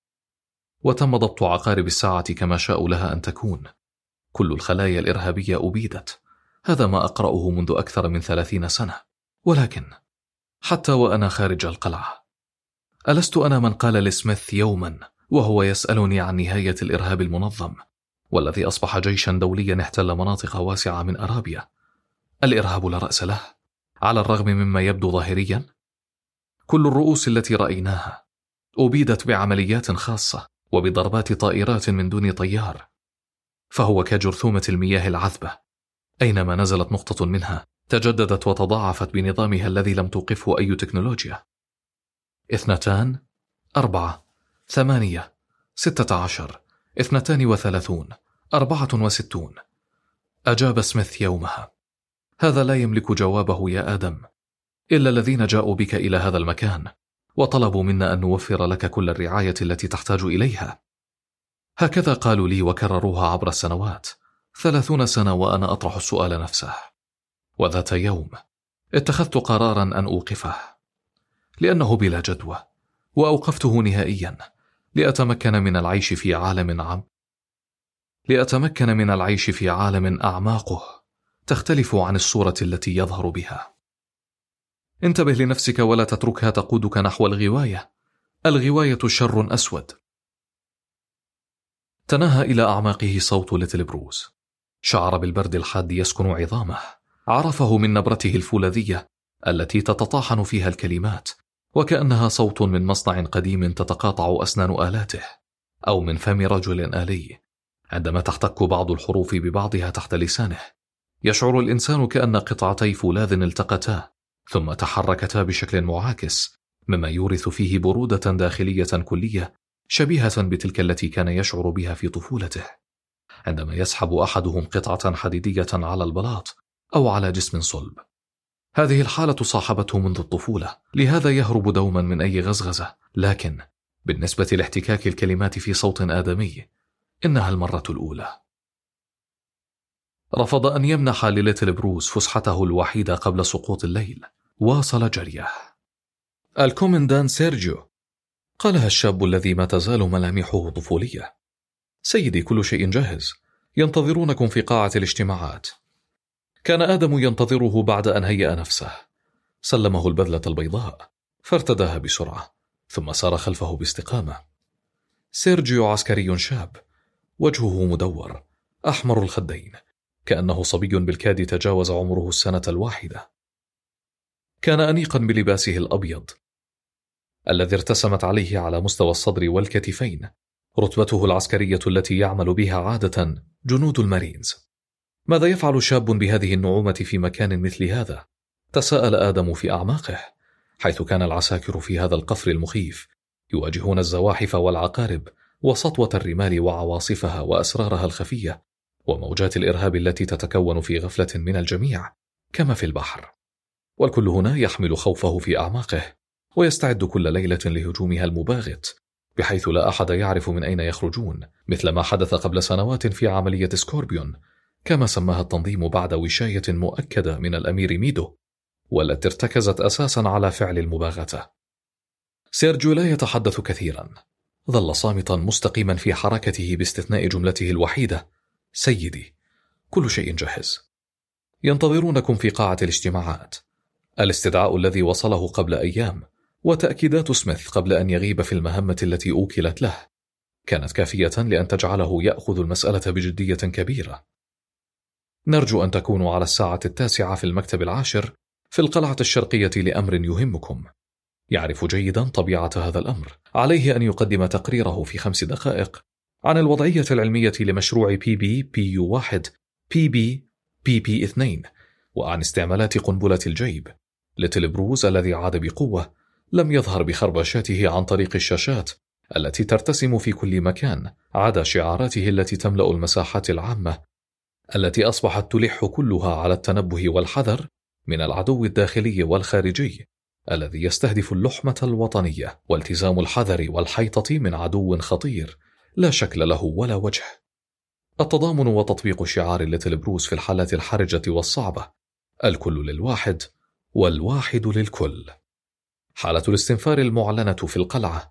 وتم ضبط عقارب الساعة كما شاءوا لها أن تكون. كل الخلايا الإرهابية أبيدت. هذا ما أقرأه منذ أكثر من ثلاثين سنة. ولكن حتى وأنا خارج القلعة، ألست أنا من قال لسميث يوما وهو يسألني عن نهاية الإرهاب المنظم، والذي أصبح جيشا دوليا احتل مناطق واسعة من أرابيا؟ الإرهاب لا رأس له، على الرغم مما يبدو ظاهريا. كل الرؤوس التي رأيناها أبيدت بعمليات خاصة وبضربات طائرات من دون طيار، فهو كجرثومة المياه العذبة، أينما نزلت نقطة منها تجددت وتضاعفت بنظامها الذي لم توقفه أي تكنولوجيا. اثنتان، أربعة، ثمانية، ستة عشر، اثنتان وثلاثون، أربعة وستون. أجاب سميث يومها: هذا لا يملك جوابه يا آدم، إلا الذين جاءوا بك إلى هذا المكان وطلبوا منا أن نوفر لك كل الرعاية التي تحتاج إليها. هكذا قالوا لي وكرروها عبر السنوات، ثلاثون سنة وأنا أطرح السؤال نفسه. وذات يوم اتخذت قرارا أن أوقفه، لأنه بلا جدوى، وأوقفته نهائيا لأتمكن من العيش في عالم عام لأتمكن من العيش في عالم أعماقه تختلف عن الصورة التي يظهر بها. انتبه لنفسك ولا تتركها تقودك نحو الغواية. الغواية شر أسود. تناهى إلى أعماقه صوت ليتل بروس. شعر بالبرد الحاد يسكن عظامه. عرفه من نبرته الفولاذية التي تتطاحن فيها الكلمات، وكأنها صوت من مصنع قديم تتقاطع أسنان آلاته، أو من فم رجل آلي عندما تحتك بعض الحروف ببعضها تحت لسانه. يشعر الإنسان كأن قطعتي فولاذ التقتا ثم تحركتا بشكل معاكس، مما يورث فيه برودة داخلية كلية شبيهة بتلك التي كان يشعر بها في طفولته عندما يسحب أحدهم قطعة حديدية على البلاط أو على جسم صلب. هذه الحالة صاحبته منذ الطفولة، لهذا يهرب دوما من أي غزغزة، لكن بالنسبة لاحتكاك الكلمات في صوت آدمي إنها المرة الأولى. رفض أن يمنح لليتل بروس فسحته الوحيدة قبل سقوط الليل. واصل جريه. الكومندان سيرجيو، قالها الشاب الذي ما تزال ملامحه طفولية. سيدي، كل شيء جاهز، ينتظرونكم في قاعة الاجتماعات. كان آدم ينتظره بعد أن هيأ نفسه. سلمه البذلة البيضاء فارتداها بسرعة، ثم سار خلفه باستقامة. سيرجيو عسكري شاب، وجهه مدور، أحمر الخدين، كأنه صبي بالكاد تجاوز عمره السنة الواحدة. كان أنيقا بلباسه الأبيض الذي ارتسمت عليه على مستوى الصدر والكتفين رتبته العسكرية التي يعمل بها عادة جنود المارينز. ماذا يفعل شاب بهذه النعومة في مكان مثل هذا؟ تساءل آدم في أعماقه. حيث كان العساكر في هذا القفر المخيف يواجهون الزواحف والعقارب وسطوة الرمال وعواصفها وأسرارها الخفية وموجات الإرهاب التي تتكون في غفلة من الجميع كما في البحر، والكل هنا يحمل خوفه في أعماقه ويستعد كل ليلة لهجومها المباغت، بحيث لا أحد يعرف من أين يخرجون، مثل ما حدث قبل سنوات في عملية سكوربيون كما سماها التنظيم بعد وشاية مؤكدة من الأمير ميدو، والتي ارتكزت أساسا على فعل المباغتة. سيرجيو لا يتحدث كثيرا، ظل صامتا مستقيما في حركته باستثناء جملته الوحيدة: سيدي، كل شيء جاهز. ينتظرونكم في قاعة الاجتماعات. الاستدعاء الذي وصله قبل أيام وتأكيدات سميث قبل أن يغيب في المهمة التي أوكلت له كانت كافية لأن تجعله يأخذ المسألة بجدية كبيرة. نرجو أن تكونوا على الساعة التاسعة في المكتب العاشر في القلعة الشرقية لأمر يهمكم. يعرف جيدا طبيعة هذا الأمر. عليه أن يقدم تقريره في خمس دقائق عن الوضعية العلمية لمشروع بي بي بي يو واحد بي بي بي بي اثنين وعن استعمالات قنبلة الجيب. ليتل بروز الذي عاد بقوة لم يظهر بخربشاته عن طريق الشاشات التي ترتسم في كل مكان عدا شعاراته التي تملأ المساحات العامة التي أصبحت تلح كلها على التنبه والحذر من العدو الداخلي والخارجي الذي يستهدف اللحمة الوطنية والتزام الحذر والحيطة من عدو خطير لا شكل له ولا وجه. التضامن وتطبيق شعار ليتل بروز في الحالات الحرجة والصعبة: الكل للواحد والواحد للكل. حالة الاستنفار المعلنة في القلعة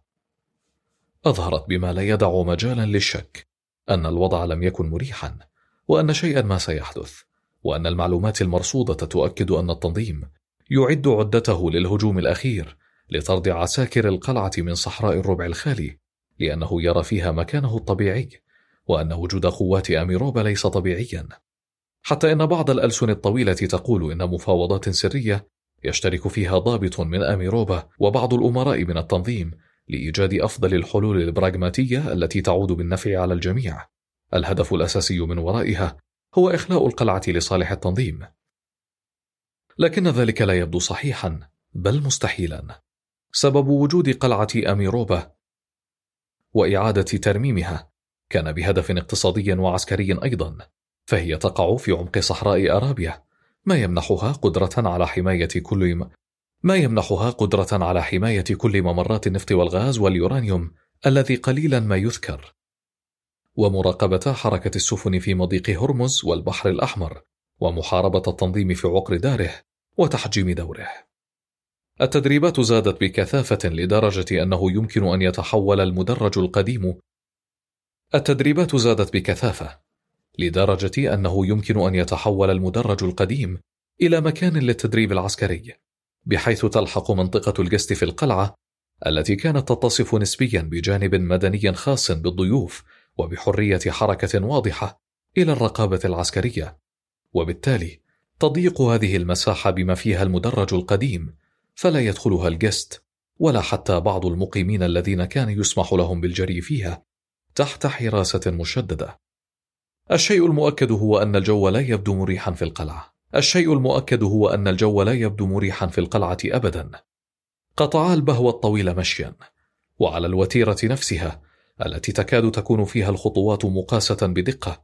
أظهرت بما لا يدع مجالا للشك أن الوضع لم يكن مريحا، وأن شيئا ما سيحدث، وأن المعلومات المرصودة تؤكد أن التنظيم يعد عدته للهجوم الأخير لطرد عساكر القلعة من صحراء الربع الخالي، لأنه يرى فيها مكانه الطبيعي، وأن وجود قوات أميروبا ليس طبيعيا، حتى إن بعض الألسن الطويلة تقول إن مفاوضات سرية يشترك فيها ضابط من أميروبا وبعض الأمراء من التنظيم لإيجاد أفضل الحلول البراغماتية التي تعود بالنفع على الجميع. الهدف الأساسي من ورائها هو إخلاء القلعة لصالح التنظيم، لكن ذلك لا يبدو صحيحا بل مستحيلا. سبب وجود قلعة أميروبا وإعادة ترميمها كان بهدف اقتصادي وعسكري أيضا، فهي تقع في عمق صحراء أرابيا، ما يمنحها قدرة على حماية كل م... ما يمنحها قدرة على حماية كل ممرات النفط والغاز واليورانيوم الذي قليلا ما يذكر، ومراقبة حركة السفن في مضيق هرمز والبحر الأحمر، ومحاربة التنظيم في عقر داره وتحجيم دوره. التدريبات زادت بكثافة لدرجة أنه يمكن أن يتحول المدرج القديم التدريبات زادت بكثافة لدرجة أنه يمكن أن يتحول المدرج القديم إلى مكان للتدريب العسكري، بحيث تلحق منطقة الجست في القلعة التي كانت تتصف نسبيا بجانب مدني خاص بالضيوف وبحرية حركة واضحة إلى الرقابة العسكرية، وبالتالي تضيق هذه المساحة بما فيها المدرج القديم، فلا يدخلها الجست ولا حتى بعض المقيمين الذين كان يسمح لهم بالجري فيها تحت حراسة مشددة. الشيء المؤكد هو أن الجو لا يبدو مريحا في القلعة. الشيء المؤكد هو أن الجو لا يبدو مريحا في القلعة أبدا. قطعا البهو الطويل مشيا، وعلى الوتيرة نفسها التي تكاد تكون فيها الخطوات مقاسة بدقة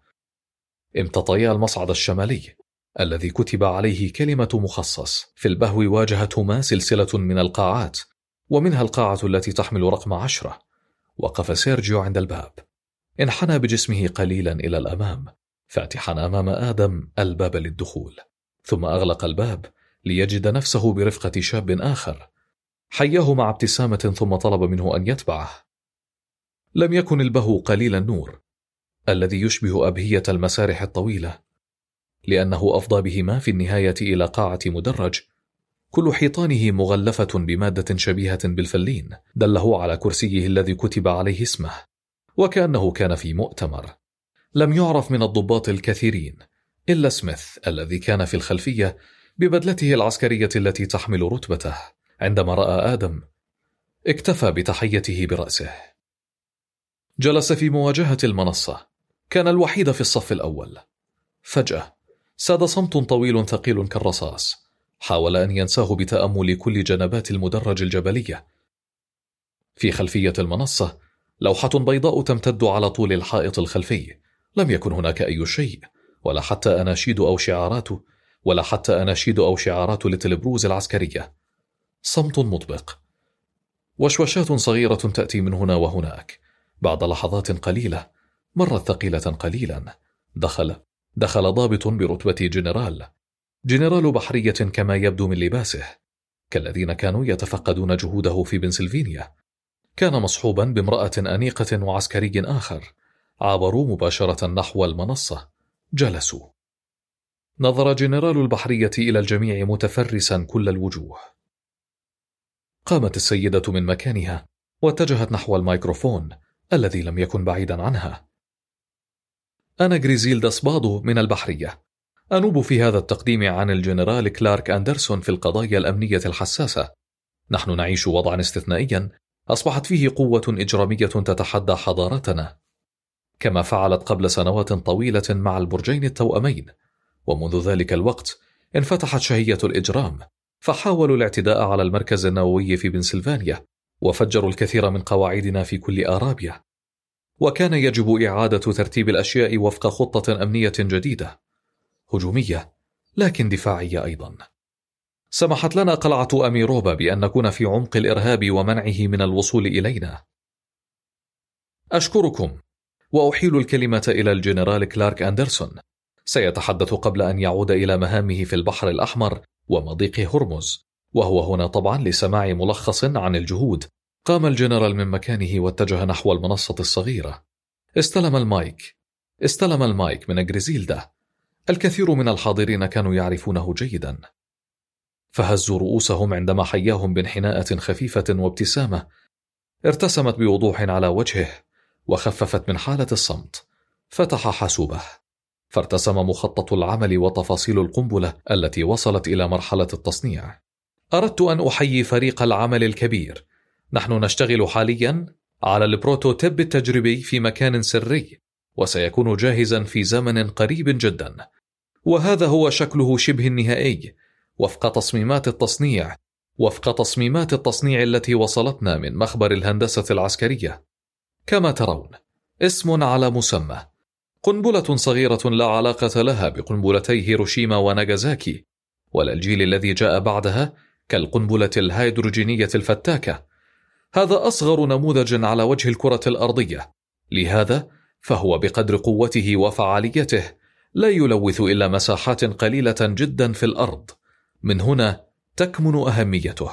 امتطيا المصعد الشمالي الذي كتب عليه كلمة مخصص. في البهو واجهتهما سلسلة من القاعات، ومنها القاعة التي تحمل رقم عشرة. وقف سيرجيو عند الباب، انحنى بجسمه قليلا إلى الأمام، فاتحا أمام آدم الباب للدخول، ثم أغلق الباب ليجد نفسه برفقة شاب آخر. حياه مع ابتسامة ثم طلب منه أن يتبعه. لم يكن البهو قليل النور الذي يشبه أبهية المسارح الطويلة، لأنه أفضى بهما في النهاية إلى قاعة مدرج كل حيطانه مغلفة بمادة شبيهة بالفلين دله على كرسيه الذي كتب عليه اسمه، وكأنه كان في مؤتمر. لم يعرف من الضباط الكثيرين إلا سميث الذي كان في الخلفية ببدلته العسكرية التي تحمل رتبته. عندما رأى آدم اكتفى بتحيته برأسه. جلس في مواجهة المنصة، كان الوحيد في الصف الأول. فجأة ساد صمت طويل ثقيل كالرصاص، حاول أن ينساه بتأمل كل جنبات المدرج الجبلية. في خلفية المنصة لوحة بيضاء تمتد على طول الحائط الخلفي. لم يكن هناك أي شيء، ولا حتى أناشيد أو شعارات ولا حتى أناشيد أو شعارات لتلبروز العسكرية. صمت مطبق، وشوشات صغيرة تأتي من هنا وهناك. بعد لحظات قليلة مرت ثقيلة قليلا. دخل دخل ضابط برتبة جنرال جنرال بحرية كما يبدو من لباسه، كالذين كانوا يتفقدون جهوده في بنسلفانيا. كان مصحوبا بامرأة أنيقة وعسكري آخر. عابروا مباشرة نحو المنصة. جلسوا. نظر جنرال البحرية إلى الجميع متفرسا كل الوجوه. قامت السيدة من مكانها واتجهت نحو الميكروفون الذي لم يكن بعيدا عنها. أنا غريزيلدا سبادو من البحرية، أنوب في هذا التقديم عن الجنرال كلارك أندرسون في القضايا الأمنية الحساسة. نحن نعيش وضعا استثنائيا أصبحت فيه قوة إجرامية تتحدى حضارتنا، كما فعلت قبل سنوات طويلة مع البرجين التوأمين. ومنذ ذلك الوقت انفتحت شهية الإجرام، فحاولوا الاعتداء على المركز النووي في بنسلفانيا، وفجروا الكثير من قواعدنا في كل آرابيا. وكان يجب إعادة ترتيب الأشياء وفق خطة أمنية جديدة، هجومية لكن دفاعية أيضا. سمحت لنا قلعة أميروبا بأن نكون في عمق الإرهاب ومنعه من الوصول إلينا. أشكركم، وأحيل الكلمة إلى الجنرال كلارك أندرسون. سيتحدث قبل أن يعود إلى مهامه في البحر الأحمر ومضيق هرمز، وهو هنا طبعا لسماع ملخص عن الجهود. قام الجنرال من مكانه واتجه نحو المنصة الصغيرة. استلم المايك استلم المايك من غريزيلدا. الكثير من الحاضرين كانوا يعرفونه جيدا، فهزوا رؤوسهم عندما حياهم بانحناءة خفيفة وابتسامة ارتسمت بوضوح على وجهه، وخففت من حالة الصمت. فتح حاسوبه، فارتسم مخطط العمل وتفاصيل القنبلة التي وصلت إلى مرحلة التصنيع. أردت أن أحيي فريق العمل الكبير. نحن نشتغل حاليا على البروتوتيب التجريبي في مكان سري، وسيكون جاهزا في زمن قريب جدا. وهذا هو شكله شبه النهائي وفق تصميمات التصنيع وفق تصميمات التصنيع التي وصلتنا من مخبر الهندسة العسكرية. كما ترون، اسم على مسمى. قنبلة صغيرة لا علاقة لها بقنبلتي هيروشيما وناغازاكي، ولا الجيل الذي جاء بعدها كالقنبلة الهيدروجينية الفتاكة. هذا أصغر نموذج على وجه الكرة الأرضية، لهذا فهو بقدر قوته وفعاليته لا يلوث إلا مساحات قليلة جدا في الأرض. من هنا تكمن أهميته.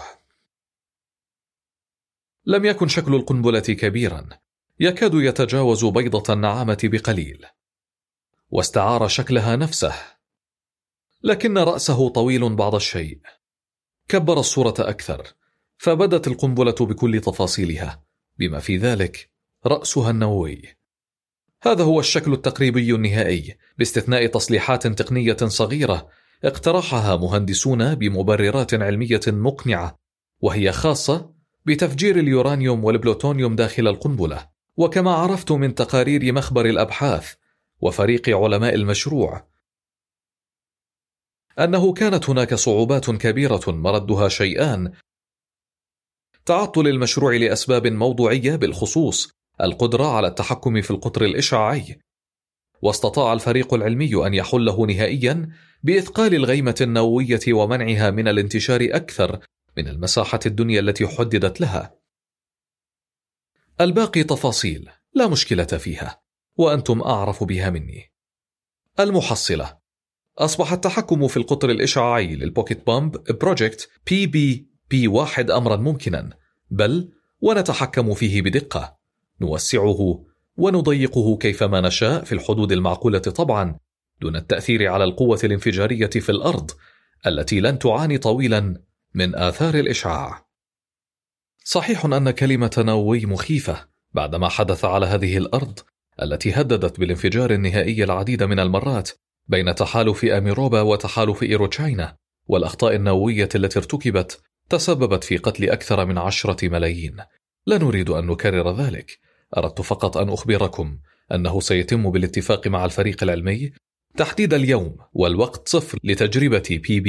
لم يكن شكل القنبلة كبيرا، يكاد يتجاوز بيضة النعامة بقليل، واستعار شكلها نفسه، لكن رأسه طويل بعض الشيء. كبر الصورة أكثر، فبدت القنبلة بكل تفاصيلها، بما في ذلك رأسها النووي. هذا هو الشكل التقريبي النهائي، باستثناء تصليحات تقنية صغيرة اقترحها مهندسون بمبررات علمية مقنعة، وهي خاصة بتفجير اليورانيوم والبلوتونيوم داخل القنبلة. وكما عرفت من تقارير مخبر الأبحاث وفريق علماء المشروع أنه كانت هناك صعوبات كبيرة مردها شيئان: تعطل المشروع لأسباب موضوعية، بالخصوص القدرة على التحكم في القطر الإشعاعي. واستطاع الفريق العلمي أن يحله نهائيا بإثقال الغيمة النووية ومنعها من الانتشار أكثر من المساحة الدنيا التي حددت لها. الباقي تفاصيل لا مشكلة فيها، وأنتم أعرف بها مني. المحصلة: أصبح التحكم في القطر الإشعاعي للبوكيت بومب بروجكت بي بي بي واحد أمرا ممكنا، بل ونتحكم فيه بدقة، نوسعه ونضيقه كيفما نشاء في الحدود المعقولة طبعا، دون التأثير على القوة الانفجارية في الأرض التي لن تعاني طويلا من آثار الإشعاع. صحيح أن كلمة نووي مخيفة بعدما حدث على هذه الأرض التي هددت بالانفجار النهائي العديد من المرات بين تحالف أميروبا وتحالف إيروتشاينا، والأخطاء النووية التي ارتكبت تسببت في قتل أكثر من عشرة ملايين. لا نريد أن نكرر ذلك، أردت فقط أن أخبركم أنه سيتم بالاتفاق مع الفريق العلمي تحديد اليوم والوقت صفر لتجربة بي بي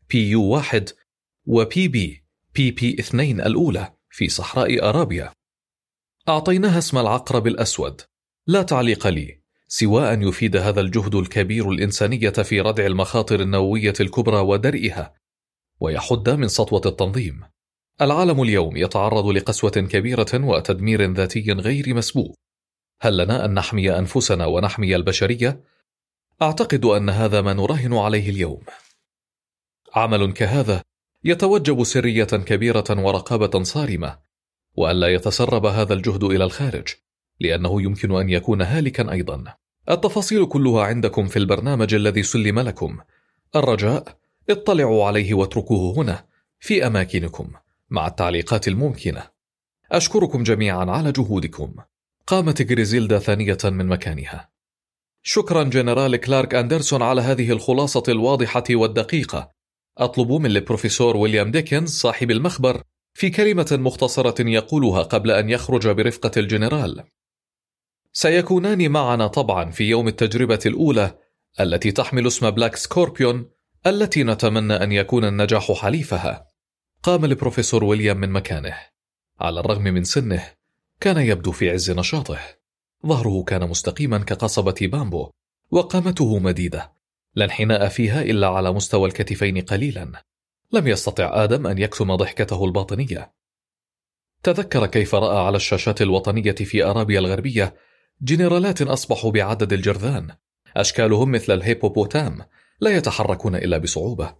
بي يو واحد وبي بي بي بي اثنين الأولى في صحراء أرابيا. أعطيناها اسم العقرب الأسود، لا تعليق لي سوى أن يفيد هذا الجهد الكبير الإنسانية في ردع المخاطر النووية الكبرى ودرئها، ويحد من سطوة التنظيم. العالم اليوم يتعرض لقسوة كبيرة وتدمير ذاتي غير مسبوق. هل لنا أن نحمي أنفسنا ونحمي البشرية؟ أعتقد أن هذا ما نراهن عليه اليوم. عمل كهذا يتوجب سرية كبيرة ورقابة صارمة، وألا يتسرب هذا الجهد إلى الخارج، لأنه يمكن أن يكون هالكا أيضا. التفاصيل كلها عندكم في البرنامج الذي سلم لكم. الرجاء اطلعوا عليه واتركوه هنا في أماكنكم مع التعليقات الممكنة. أشكركم جميعا على جهودكم. قامت غريزيلدا ثانية من مكانها. شكرا جنرال كلارك أندرسون على هذه الخلاصة الواضحة والدقيقة. أطلب من البروفيسور ويليام ديكنز صاحب المخبر في كلمة مختصرة يقولها قبل أن يخرج برفقة الجنرال. سيكونان معنا طبعا في يوم التجربة الأولى التي تحمل اسم بلاك سكوربيون، التي نتمنى أن يكون النجاح حليفها. قام البروفيسور ويليام من مكانه. على الرغم من سنه كان يبدو في عز نشاطه. ظهره كان مستقيما كقصبة بامبو، وقامته مديدة لا انحناء فيها إلا على مستوى الكتفين قليلا. لم يستطع آدم أن يكتم ضحكته الباطنية. تذكر كيف رأى على الشاشات الوطنية في أرابيا الغربية جنرالات أصبحوا بعدد الجرذان، أشكالهم مثل الهيبوبوتام لا يتحركون إلا بصعوبة،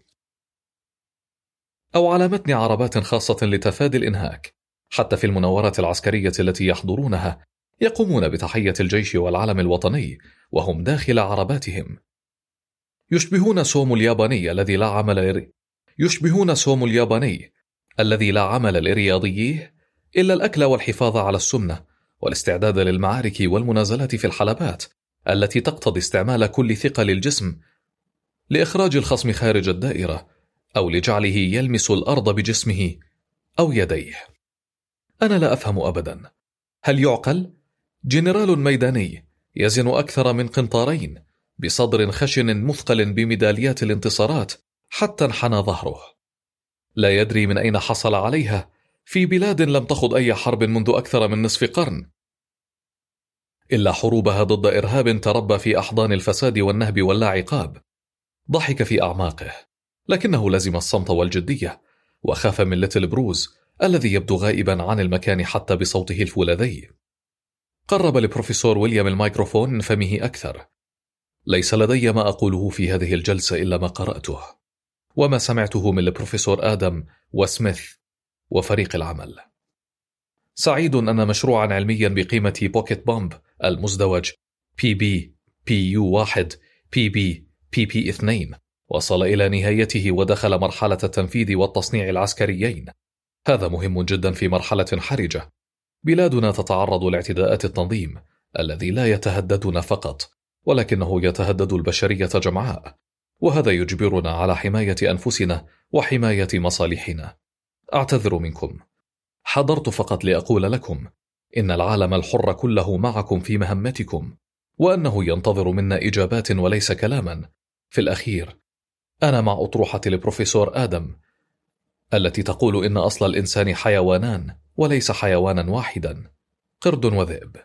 أو على متن عربات خاصة لتفادي الإنهاك. حتى في المناورات العسكرية التي يحضرونها يقومون بتحية الجيش والعلم الوطني وهم داخل عرباتهم. يشبهون سوم الياباني الذي لا عمل يشبهون سوم الياباني الذي لا عمل لرياضيه إلا الأكل والحفاظ على السمنة والاستعداد للمعارك والمنازلات في الحلبات التي تقتضي استعمال كل ثقل الجسم لإخراج الخصم خارج الدائرة أو لجعله يلمس الأرض بجسمه أو يديه. أنا لا أفهم أبدا، هل يعقل؟ جنرال ميداني يزن أكثر من قنطارين بصدر خشن مثقل بميداليات الانتصارات حتى انحنى ظهره، لا يدري من أين حصل عليها في بلاد لم تخض أي حرب منذ أكثر من نصف قرن، إلا حروبها ضد إرهاب تربى في أحضان الفساد والنهب واللا عقاب. ضحك في أعماقه، لكنه لزم الصمت والجدية، وخاف من ليتل بروز الذي يبدو غائبا عن المكان حتى بصوته الفولاذي. قرب البروفيسور ويليام الميكروفون من فمه أكثر. ليس لدي ما أقوله في هذه الجلسة إلا ما قرأته وما سمعته من البروفيسور آدم وسميث وفريق العمل. سعيد أن مشروعا علميا بقيمة بوكيت بومب المزدوج بي بي بي يو واحد بي بي بي بي اثنين وصل إلى نهايته ودخل مرحلة التنفيذ والتصنيع العسكريين. هذا مهم جدا في مرحلة حرجة. بلادنا تتعرض لاعتداءات التنظيم الذي لا يتهددنا فقط ولكنه يتهدد البشرية جمعاء، وهذا يجبرنا على حماية أنفسنا وحماية مصالحنا. أعتذر منكم، حضرت فقط لأقول لكم إن العالم الحر كله معكم في مهمتكم، وأنه ينتظر منا إجابات وليس كلاما. في الأخير أنا مع أطروحة البروفيسور آدم التي تقول إن أصل الإنسان حيوانان وليس حيوانا واحدا، قرد وذئب.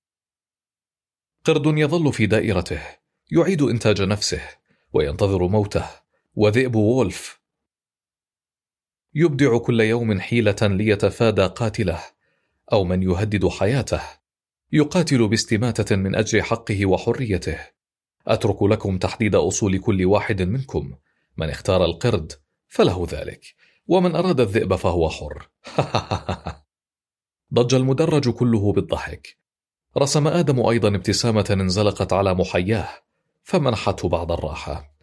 قرد يظل في دائرته يعيد إنتاج نفسه وينتظر موته، وذئب وولف يبدع كل يوم حيلة ليتفادى قاتله أو من يهدد حياته، يقاتل باستماتة من أجل حقه وحريته. أترك لكم تحديد أصول كل واحد منكم. من اختار القرد فله ذلك، ومن أراد الذئب فهو حر. ضج المدرج كله بالضحك. رسم آدم أيضا ابتسامة انزلقت على محياه فمنحته بعض الراحة.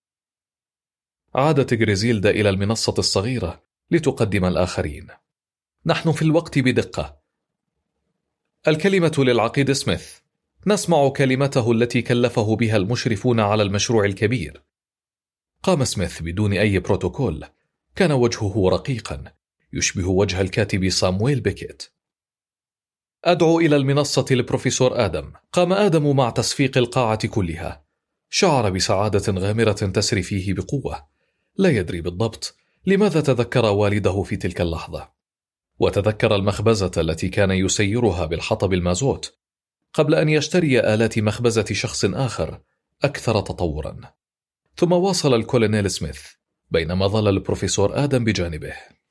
عادت غريزيلدا إلى المنصة الصغيرة لتقدم الآخرين. نحن في الوقت بدقة. الكلمة للعقيد سميث. نسمع كلمته التي كلفه بها المشرفون على المشروع الكبير. قام سميث بدون أي بروتوكول. كان وجهه رقيقا يشبه وجه الكاتب سامويل بيكيت. أدعو إلى المنصة البروفيسور آدم. قام آدم مع تصفيق القاعة كلها. شعر بسعادة غامرة تسري فيه بقوة. لا يدري بالضبط لماذا تذكر والده في تلك اللحظة، وتذكر المخبزة التي كان يسيرها بالحطب المازوت قبل أن يشتري آلات مخبزة شخص آخر أكثر تطورا. ثم واصل الكولونيل سميث بينما ظل البروفيسور آدم بجانبه: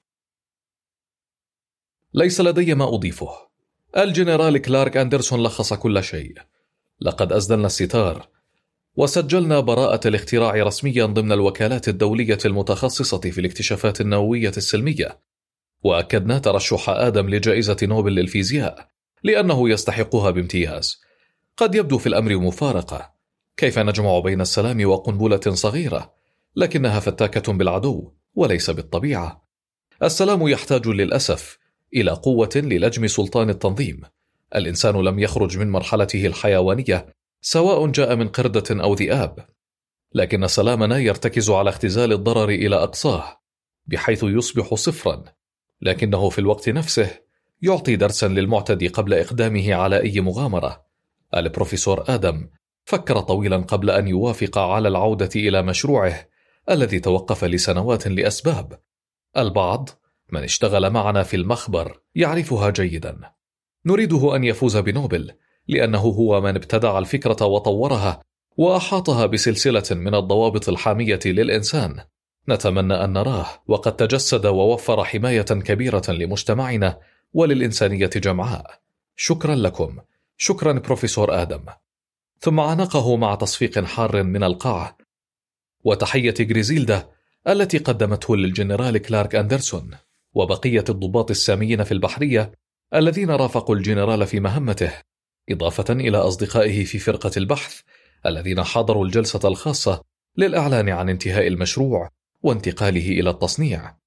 ليس لدي ما أضيفه. الجنرال كلارك أندرسون لخص كل شيء. لقد أسدلنا الستار وسجلنا براءة الاختراع رسميا ضمن الوكالات الدولية المتخصصة في الاكتشافات النووية السلمية، وأكدنا ترشح آدم لجائزة نوبل للفيزياء لأنه يستحقها بامتياز. قد يبدو في الأمر مفارقة، كيف نجمع بين السلام وقنبلة صغيرة؟ لكنها فتاكة بالعدو وليس بالطبيعة. السلام يحتاج للأسف إلى قوة للجم سلطان التنظيم. الإنسان لم يخرج من مرحلته الحيوانية سواء جاء من قردة أو ذئاب، لكن سلامنا يرتكز على اختزال الضرر إلى أقصاه بحيث يصبح صفرا، لكنه في الوقت نفسه يعطي درسا للمعتدي قبل إقدامه على أي مغامرة. البروفيسور آدم فكر طويلا قبل أن يوافق على العودة إلى مشروعه الذي توقف لسنوات لأسباب البعض من اشتغل معنا في المخبر يعرفها جيدا. نريده أن يفوز بنوبل لأنه هو من ابتدع الفكرة وطورها وأحاطها بسلسلة من الضوابط الحامية للإنسان. نتمنى أن نراه وقد تجسد ووفر حماية كبيرة لمجتمعنا وللإنسانية جمعاء. شكرا لكم. شكرا بروفيسور آدم. ثم عانقه مع تصفيق حار من القاعة وتحية غريزيلدا التي قدمته للجنرال كلارك أندرسون وبقية الضباط الساميين في البحرية الذين رافقوا الجنرال في مهمته، إضافة إلى أصدقائه في فرقة البحث الذين حضروا الجلسة الخاصة للإعلان عن انتهاء المشروع وانتقاله إلى التصنيع.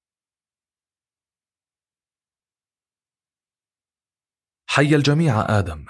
حي الجميع آدم،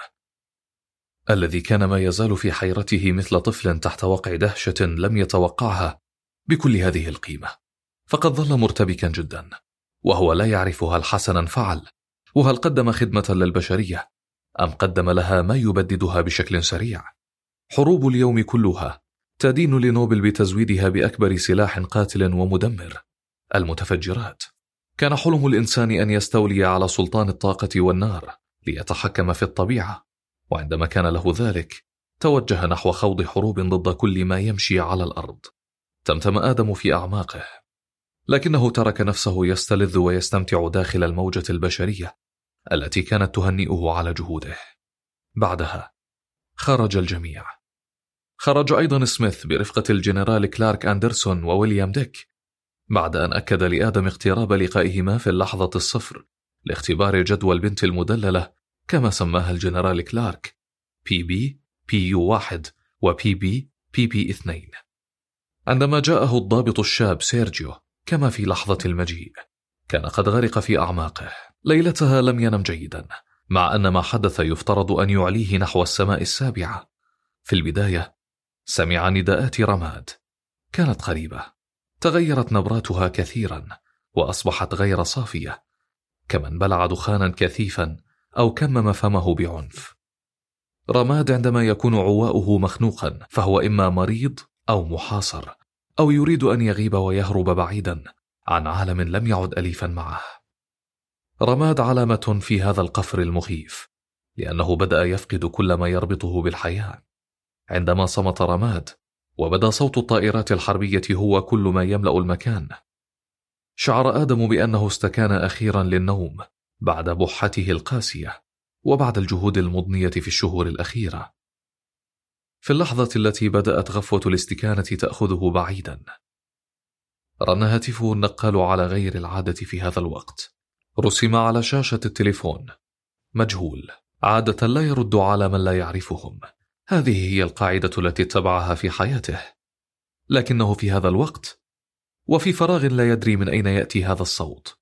الذي كان ما يزال في حيرته مثل طفل تحت وقع دهشة لم يتوقعها بكل هذه القيمة، فقد ظل مرتبكا جدا وهو لا يعرف هل حسنا فعل وهل قدم خدمة للبشرية أم قدم لها ما يبددها بشكل سريع. حروب اليوم كلها تدين لنوبل بتزويدها بأكبر سلاح قاتل ومدمر، المتفجرات. كان حلم الإنسان أن يستولي على سلطان الطاقة والنار ليتحكم في الطبيعة، وعندما كان له ذلك توجه نحو خوض حروب ضد كل ما يمشي على الأرض. تمتم آدم في أعماقه، لكنه ترك نفسه يستلذ ويستمتع داخل الموجة البشرية التي كانت تهنئه على جهوده. بعدها خرج الجميع. خرج أيضا سميث برفقة الجنرال كلارك أندرسون وويليام ديك، بعد أن أكد لآدم اقتراب لقائهما في اللحظة الصفر لاختبار جدوى البنت المدللة كما سماها الجنرال كلارك، بي بي بي يو واحد وبي بي بي بي اثنين. عندما جاءه الضابط الشاب سيرجيو كما في لحظة المجيء كان قد غرق في أعماقه. ليلتها لم ينم جيدا، مع أن ما حدث يفترض أن يعليه نحو السماء السابعة. في البداية سمع نداءات رماد، كانت قريبة، تغيرت نبراتها كثيرا وأصبحت غير صافية، كمن بلع دخانا كثيفا أو كمم فمه بعنف. رماد عندما يكون عواؤه مخنوقا فهو إما مريض أو محاصر أو يريد أن يغيب ويهرب بعيدا عن عالم لم يعد أليفا معه. رماد علامة في هذا القفر المخيف، لأنه بدأ يفقد كل ما يربطه بالحياة. عندما صمت رماد وبدا صوت الطائرات الحربية هو كل ما يملأ المكان، شعر آدم بأنه استكان أخيرا للنوم بعد بحته القاسية وبعد الجهود المضنية في الشهور الأخيرة. في اللحظة التي بدأت غفوة الاستكانة تأخذه بعيدا، رن هاتفه النقال على غير العادة في هذا الوقت. رسم على شاشة التليفون: مجهول، عادة لا يرد على من لا يعرفهم. هذه هي القاعدة التي اتبعها في حياته، لكنه في هذا الوقت وفي فراغ لا يدري من أين يأتي هذا الصوت.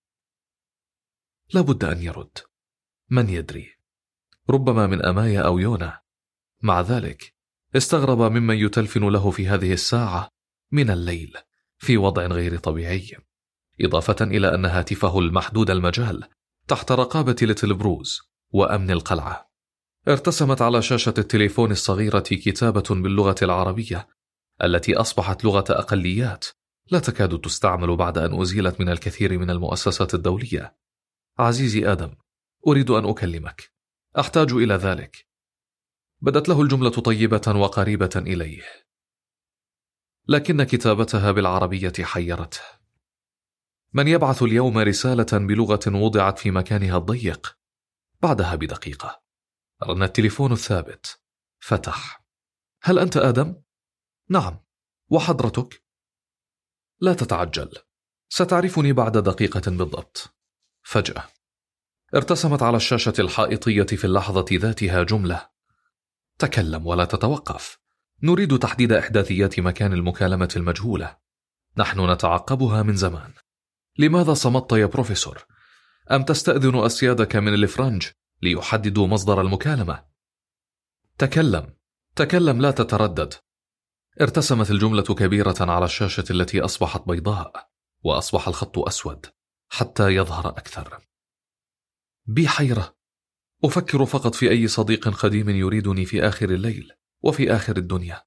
لابد أن يرد، من يدري، ربما من أمايا أو يونا. مع ذلك استغرب ممن يتلفن له في هذه الساعة من الليل في وضع غير طبيعي، إضافة إلى أن هاتفه المحدود المجال تحت رقابة ليتل بروز وأمن القلعة. ارتسمت على شاشة التليفون الصغيرة كتابة باللغة العربية التي أصبحت لغة أقليات لا تكاد تستعمل بعد أن أزيلت من الكثير من المؤسسات الدولية. عزيزي آدم، أريد أن أكلمك، أحتاج إلى ذلك. بدت له الجملة طيبة وقريبة إليه، لكن كتابتها بالعربية حيرته. من يبعث اليوم رسالة بلغة وضعت في مكانها الضيق؟ بعدها بدقيقة رن التليفون الثابت. فتح. هل أنت آدم؟ نعم. وحضرتك؟ لا تتعجل، ستعرفني بعد دقيقة بالضبط. فجأة ارتسمت على الشاشة الحائطية في اللحظة ذاتها جملة: تكلم ولا تتوقف. نريد تحديد إحداثيات مكان المكالمة المجهولة. نحن نتعقبها من زمان. لماذا صمت يا بروفيسور؟ أم تستأذن أسيادك من الفرنج ليحددوا مصدر المكالمة؟ تكلم، تكلم، لا تتردد. ارتسمت الجملة كبيرة على الشاشة التي أصبحت بيضاء، وأصبح الخط أسود حتى يظهر أكثر. بي حيرة، أفكر فقط في أي صديق قديم يريدني في آخر الليل وفي آخر الدنيا.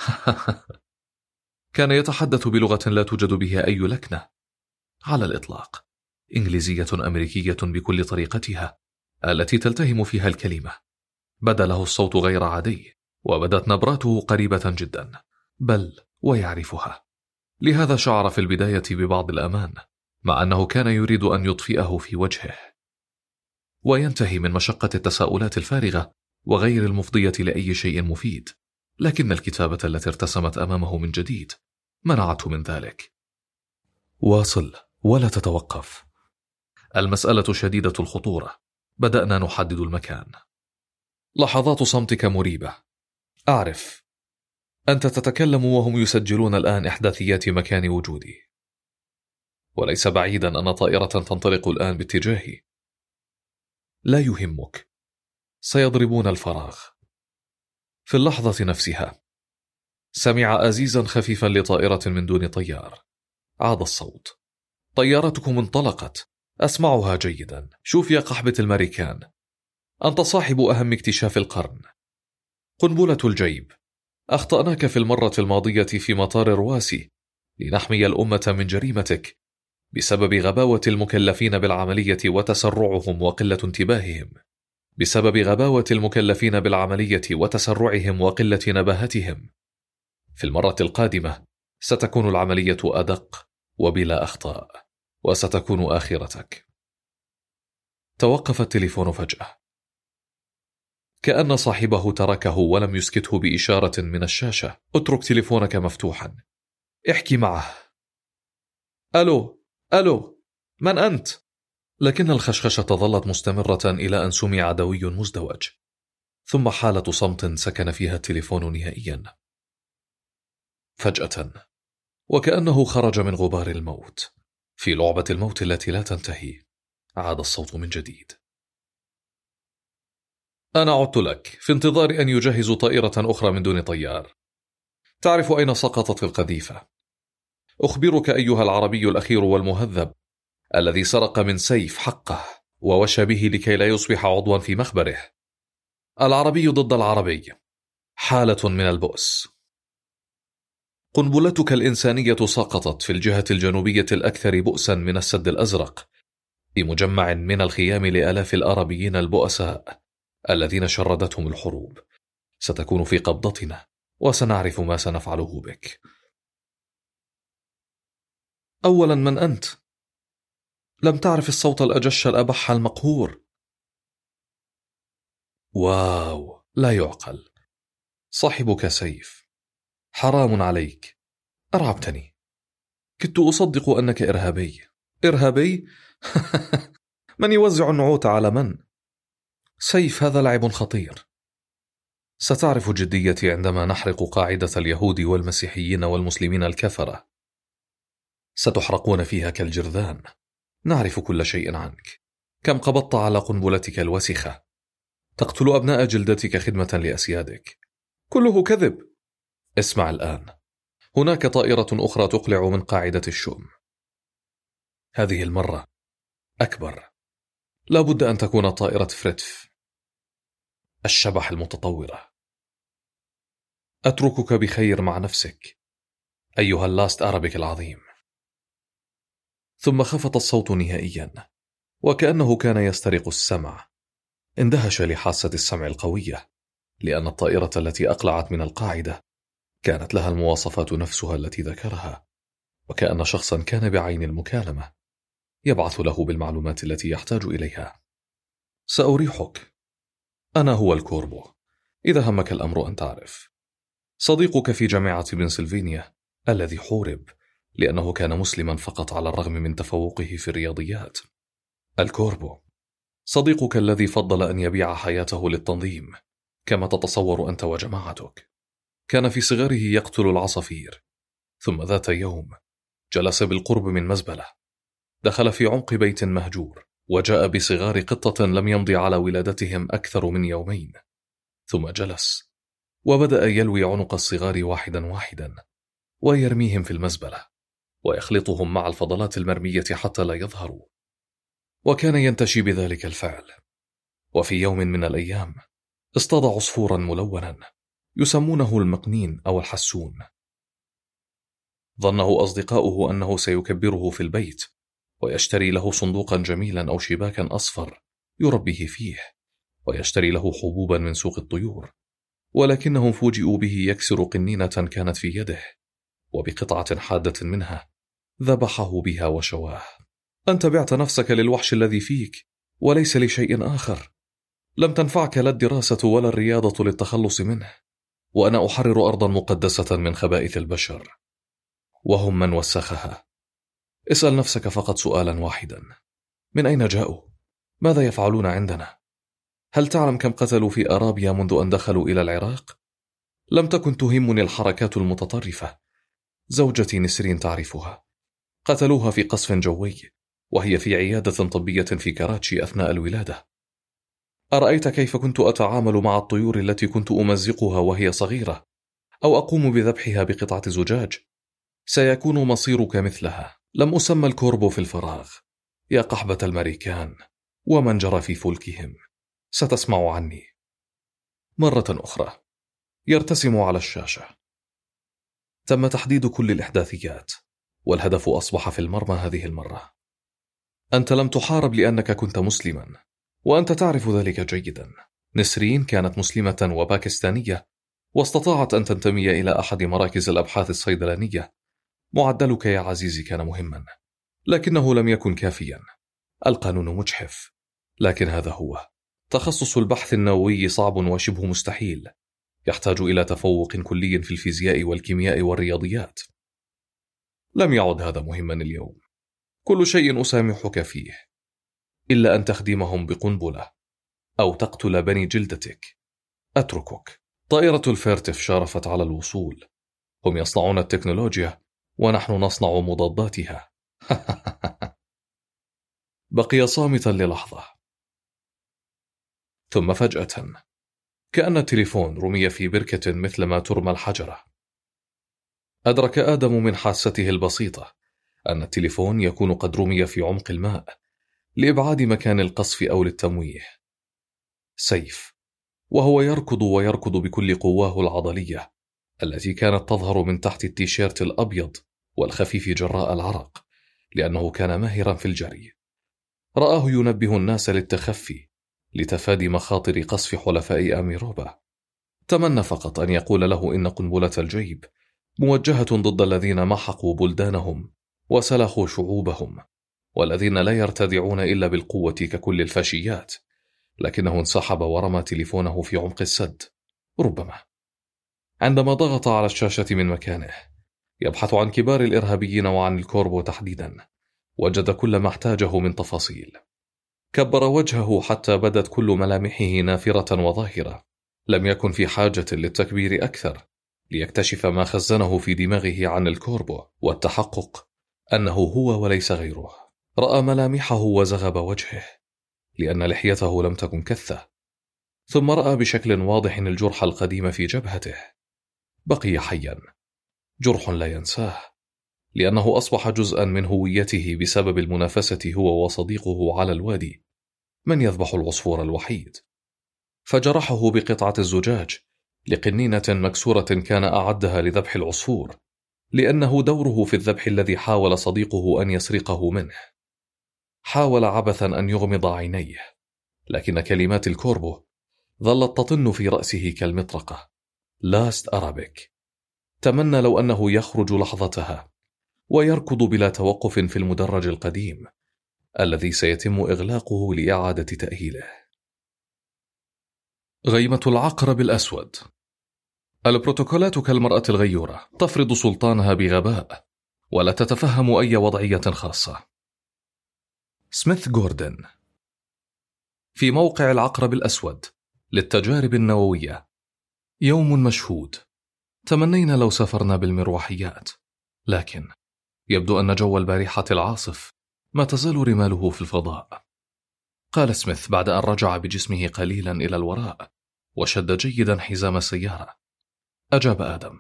كان يتحدث بلغة لا توجد بها أي لكنة على الإطلاق، إنجليزية أمريكية بكل طريقتها التي تلتهم فيها الكلمة. بدا له الصوت غير عادي، وبدت نبراته قريبة جدا، بل ويعرفها. لهذا شعر في البداية ببعض الأمان، مع أنه كان يريد أن يطفئه في وجهه وينتهي من مشقة التساؤلات الفارغة وغير المفضية لأي شيء مفيد. لكن الكتابة التي ارتسمت أمامه من جديد منعته من ذلك. واصل ولا تتوقف. المسألة شديدة الخطورة. بدأنا نحدد المكان. لحظات صمتك مريبة. أعرف، أنت تتكلم وهم يسجلون الآن إحداثيات مكان وجودي، وليس بعيدا أن طائرة تنطلق الآن باتجاهي. لا يهمك، سيضربون الفراغ. في اللحظة نفسها سمع أزيزا خفيفا لطائرة من دون طيار. عاد الصوت: طيارتكم انطلقت، أسمعها جيدا. شوف يا قحبة الأمريكان، أنت صاحب أهم اكتشاف القرن. قنبلة الجيب. أخطأناك في المرة الماضية في مطار رواسي لنحمي الأمة من جريمتك بسبب غباوة المكلفين بالعملية وتسرعهم وقلة انتباههم. بسبب غباوة المكلفين بالعملية وتسرعهم وقلة نباهتهم. في المرة القادمة ستكون العملية أدق وبلا أخطاء، وستكون آخرتك. توقف التليفون فجأة، كأن صاحبه تركه ولم يسكته بإشارة من الشاشة. اترك تليفونك مفتوحا، احكي معه. ألو ألو، من أنت؟ لكن الخشخشة ظلت مستمرة إلى أن سمع دوي مزدوج، ثم حالة صمت سكن فيها التليفون نهائيا. فجأة، وكأنه خرج من غبار الموت في لعبة الموت التي لا تنتهي، عاد الصوت من جديد. أنا عدت لك في انتظار أن يجهزوا طائرة أخرى من دون طيار. تعرف أين سقطت القذيفة؟ أخبرك أيها العربي الأخير والمهذب الذي سرق من سيف حقه ووشى به لكي لا يصبح عضوا في مخبره. العربي ضد العربي، حالة من البؤس. قنبلتك الإنسانية سقطت في الجهة الجنوبية الأكثر بؤسا من السد الأزرق، بمجمع من الخيام لآلاف العربيين البؤساء الذين شردتهم الحروب. ستكون في قبضتنا، وسنعرف ما سنفعله بك. أولا، من أنت؟ لم تعرف الصوت الأجش الأبح المقهور. واو، لا يعقل. صاحبك سيف. حرام عليك، أرعبتني. كنت أصدق أنك إرهابي. إرهابي؟ من يوزع النعوت على من؟ سيف، هذا لعب خطير. ستعرف جديتي عندما نحرق قاعدة اليهود والمسيحيين والمسلمين الكفرة. ستحرقون فيها كالجرذان. نعرف كل شيء عنك. كم قبضت على قنبلتك الوسخة. تقتل أبناء جلدتك خدمة لأسيادك. كله كذب. اسمع الآن، هناك طائرة أخرى تقلع من قاعدة الشؤم. هذه المرة أكبر. لا بد أن تكون طائرة فريتف، الشبح المتطورة. أتركك بخير مع نفسك أيها اللاست أرابيك العظيم. ثم خفت الصوت نهائيا، وكأنه كان يسترق السمع. اندهش لحاسة السمع القوية، لأن الطائرة التي أقلعت من القاعدة كانت لها المواصفات نفسها التي ذكرها، وكأن شخصا كان بعين المكالمة يبعث له بالمعلومات التي يحتاج إليها. سأريحك، أنا هو الكوربو، إذا همك الأمر أن تعرف. صديقك في جامعة بنسلفانيا الذي حورب لأنه كان مسلما فقط على الرغم من تفوقه في الرياضيات. الكوربو، صديقك الذي فضل أن يبيع حياته للتنظيم كما تتصور أنت وجماعتك. كان في صغره يقتل العصافير، ثم ذات يوم جلس بالقرب من مزبلة، دخل في عمق بيت مهجور وجاء بصغار قطة لم يمضي على ولادتهم أكثر من يومين، ثم جلس وبدأ يلوي عنق الصغار واحدا واحدا ويرميهم في المزبلة ويخلطهم مع الفضلات المرمية حتى لا يظهروا، وكان ينتشي بذلك الفعل. وفي يوم من الأيام اصطاد عصفورا ملونا يسمونه المقنين أو الحسون. ظنه أصدقاؤه أنه سيكبره في البيت ويشتري له صندوقا جميلا أو شباكا أصفر يربيه فيه، ويشتري له حبوبا من سوق الطيور، ولكنهم فوجئوا به يكسر قنينة كانت في يده، وبقطعة حادة منها ذبحه بها وشواه. أنت بعت نفسك للوحش الذي فيك وليس لشيء آخر. لم تنفعك لا الدراسة ولا الرياضة للتخلص منه، وأنا أحرر أرضا مقدسة من خبائث البشر وهم من وسخها. اسأل نفسك فقط سؤالا واحدا: من أين جاءوا؟ ماذا يفعلون عندنا؟ هل تعلم كم قتلوا في أرابيا منذ أن دخلوا إلى العراق؟ لم تكن تهمني الحركات المتطرفة. زوجتي نسرين تعرفها، قتلوها في قصف جوي وهي في عيادة طبية في كراتشي أثناء الولادة. أرأيت كيف كنت أتعامل مع الطيور التي كنت أمزقها وهي صغيرة أو أقوم بذبحها بقطعة زجاج؟ سيكون مصيرك مثلها. لم أسمى الكوربو في الفراغ. يا قحبة الأمريكان ومن جرى في فلكهم، ستسمع عني. مرة أخرى يرتسم على الشاشة: تم تحديد كل الإحداثيات، والهدف أصبح في المرمى هذه المرة. أنت لم تحارب لأنك كنت مسلما، وأنت تعرف ذلك جيدا. نسرين كانت مسلمة وباكستانية، واستطاعت أن تنتمي إلى أحد مراكز الأبحاث الصيدلانية. معدلك يا عزيزي كان مهما، لكنه لم يكن كافيا. القانون مجحف، لكن هذا هو. تخصص البحث النووي صعب وشبه مستحيل، يحتاج إلى تفوق كلي في الفيزياء والكيمياء والرياضيات. لم يعد هذا مهما اليوم. كل شيء أسامحك فيه إلا أن تخدمهم بقنبلة أو تقتل بني جلدتك. أتركك. طائرة الفيرتف شارفت على الوصول. هم يصنعون التكنولوجيا ونحن نصنع مضاداتها. بقي صامتا للحظة، ثم فجأة كأن التليفون رمي في بركة مثل ما ترمى الحجرة. أدرك آدم من حاسته البسيطة أن التليفون يكون قد رمي في عمق الماء لإبعاد مكان القصف أو للتمويه. سيف، وهو يركض ويركض بكل قواه العضلية التي كانت تظهر من تحت التيشيرت الأبيض والخفيف جراء العرق، لأنه كان ماهرا في الجري. رآه ينبه الناس للتخفي لتفادي مخاطر قصف حلفاء أميروبا. تمنى فقط أن يقول له إن قنبلة الجيب موجهة ضد الذين محقوا بلدانهم وسلخوا شعوبهم، والذين لا يرتدعون إلا بالقوة ككل الفاشيات، لكنه انسحب ورمى تليفونه في عمق السد. ربما عندما ضغط على الشاشة من مكانه يبحث عن كبار الإرهابيين وعن الكوربو تحديدا، وجد كل ما احتاجه من تفاصيل. كبر وجهه حتى بدت كل ملامحه نافرة وظاهرة. لم يكن في حاجة للتكبير أكثر ليكتشف ما خزنه في دماغه عن الكوربو والتحقق أنه هو وليس غيره. رأى ملامحه وزغب وجهه لأن لحيته لم تكن كثة، ثم رأى بشكل واضح الجرح القديم في جبهته. بقي حيا، جرح لا ينساه، لأنه أصبح جزءا من هويته بسبب المنافسة هو وصديقه على الوادي من يذبح العصفور الوحيد. فجرحه بقطعة الزجاج لقنينة مكسورة كان أعدها لذبح العصفور، لأنه دوره في الذبح الذي حاول صديقه أن يسرقه منه. حاول عبثا أن يغمض عينيه، لكن كلمات الكوربو ظلت تطن في رأسه كالمطرقة. لاست أرابيك. تمنى لو أنه يخرج لحظتها ويركض بلا توقف في المدرج القديم الذي سيتم إغلاقه لإعادة تأهيله. غيمة العقرب الأسود. البروتوكولات كالمرأة الغيورة تفرض سلطانها بغباء ولا تتفهم أي وضعية خاصة. سميث جوردن. في موقع العقرب الأسود للتجارب النووية. يوم مشهود. تمنينا لو سافرنا بالمروحيات، لكن يبدو أن جو البارحة العاصف ما تزال رماله في الفضاء. قال سميث بعد أن رجع بجسمه قليلا إلى الوراء وشد جيدا حزام السيارة. أجاب آدم: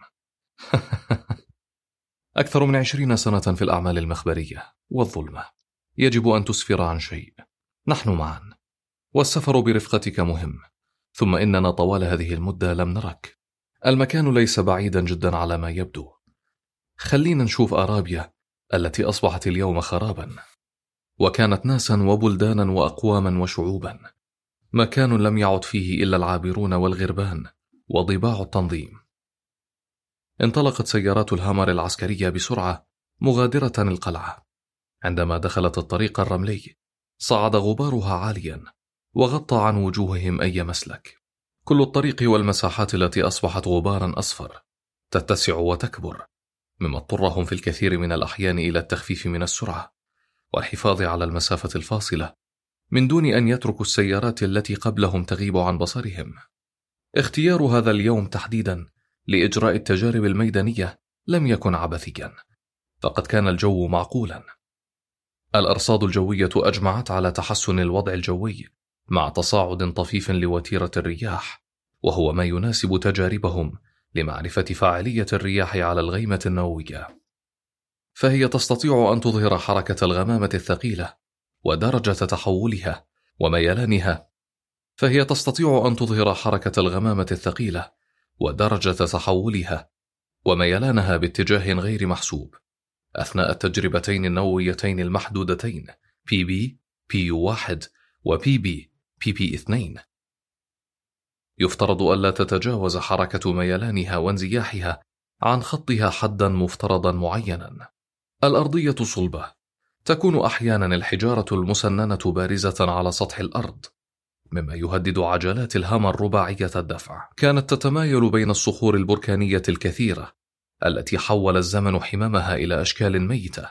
أكثر من عشرين سنة في الأعمال المخبرية والظلمة، يجب أن تسفر عن شيء. نحن معا، والسفر برفقتك مهم، ثم إننا طوال هذه المدة لم نرك. المكان ليس بعيدا جدا على ما يبدو. خلينا نشوف أرابيا التي أصبحت اليوم خرابا، وكانت ناسا وبلدانا وأقواما وشعوبا، مكان لم يعد فيه إلا العابرون والغربان وضباع التنظيم. انطلقت سيارات الهامر العسكرية بسرعة مغادرة القلعة. عندما دخلت الطريق الرملي صعد غبارها عاليا وغطى عن وجوههم أي مسلك. كل الطريق والمساحات التي أصبحت غبارا أصفر تتسع وتكبر، مما اضطرهم في الكثير من الأحيان إلى التخفيف من السرعة والحفاظ على المسافة الفاصلة من دون أن يتركوا السيارات التي قبلهم تغيب عن بصرهم. اختيار هذا اليوم تحديدا لإجراء التجارب الميدانية لم يكن عبثيا، فقد كان الجو معقولا. الأرصاد الجوية أجمعت على تحسن الوضع الجوي مع تصاعد طفيف لوتيرة الرياح، وهو ما يناسب تجاربهم لمعرفة فاعلية الرياح على الغيمة النووية. فهي تستطيع أن تظهر حركة الغمامة الثقيلة ودرجة تحولها وميلانها فهي تستطيع أن تظهر حركة الغمامة الثقيلة ودرجة تحولها وميلانها باتجاه غير محسوب أثناء التجربتين النوويتين المحدودتين بي بي بي يو واحد و بي بي بي بي اثنين. يفترض ألا تتجاوز حركة ميلانها وانزياحها عن خطها حدا مفترضا معينا. الأرضية صلبة، تكون أحيانا الحجارة المسننة بارزة على سطح الأرض، مما يهدد عجلات الهامر رباعية الدفع. كانت تتمايل بين الصخور البركانية الكثيرة التي حول الزمن حمامها إلى أشكال ميتة.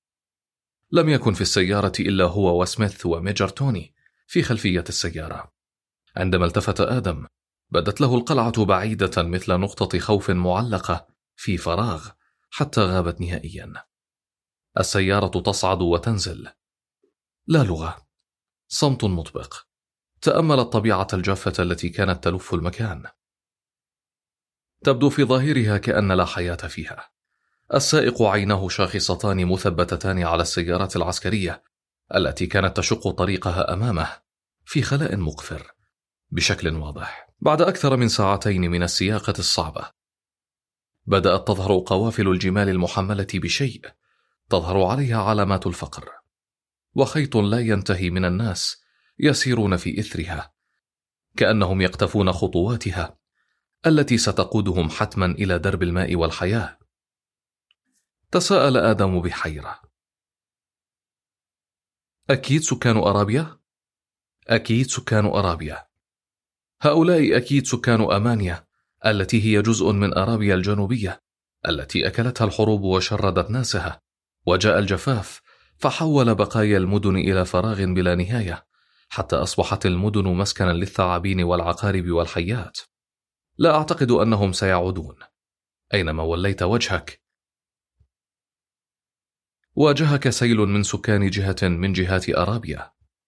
لم يكن في السيارة إلا هو وسميث وميجر توني في خلفية السيارة. عندما التفت آدم بدت له القلعة بعيدة مثل نقطة خوف معلقة في فراغ حتى غابت نهائيا. السيارة تصعد وتنزل، لا لغة، صمت مطبق. تأمل الطبيعة الجافة التي كانت تلف المكان، تبدو في ظاهرها كأن لا حياة فيها. السائق عيناه شاخصتان مثبتتان على السيارات العسكرية التي كانت تشق طريقها أمامه في خلاء مقفر بشكل واضح. بعد أكثر من ساعتين من السياقة الصعبة بدأت تظهر قوافل الجمال المحملة بشيء تظهر عليها علامات الفقر، وخيط لا ينتهي من الناس يسيرون في إثرها كأنهم يقتفون خطواتها التي ستقودهم حتما إلى درب الماء والحياة. تساءل آدم بحيرة: أكيد سكان أرابيا؟ أكيد سكان أرابيا. هؤلاء أكيد سكان أمانيا التي هي جزء من أرابيا الجنوبية التي أكلتها الحروب وشردت ناسها، وجاء الجفاف فحول بقايا المدن إلى فراغ بلا نهاية حتى أصبحت المدن مسكنا للثعابين والعقارب والحيات. لا أعتقد أنهم سيعودون. أينما وليت وجهك واجهك سيل من سكان جهة من جهات أرابيا.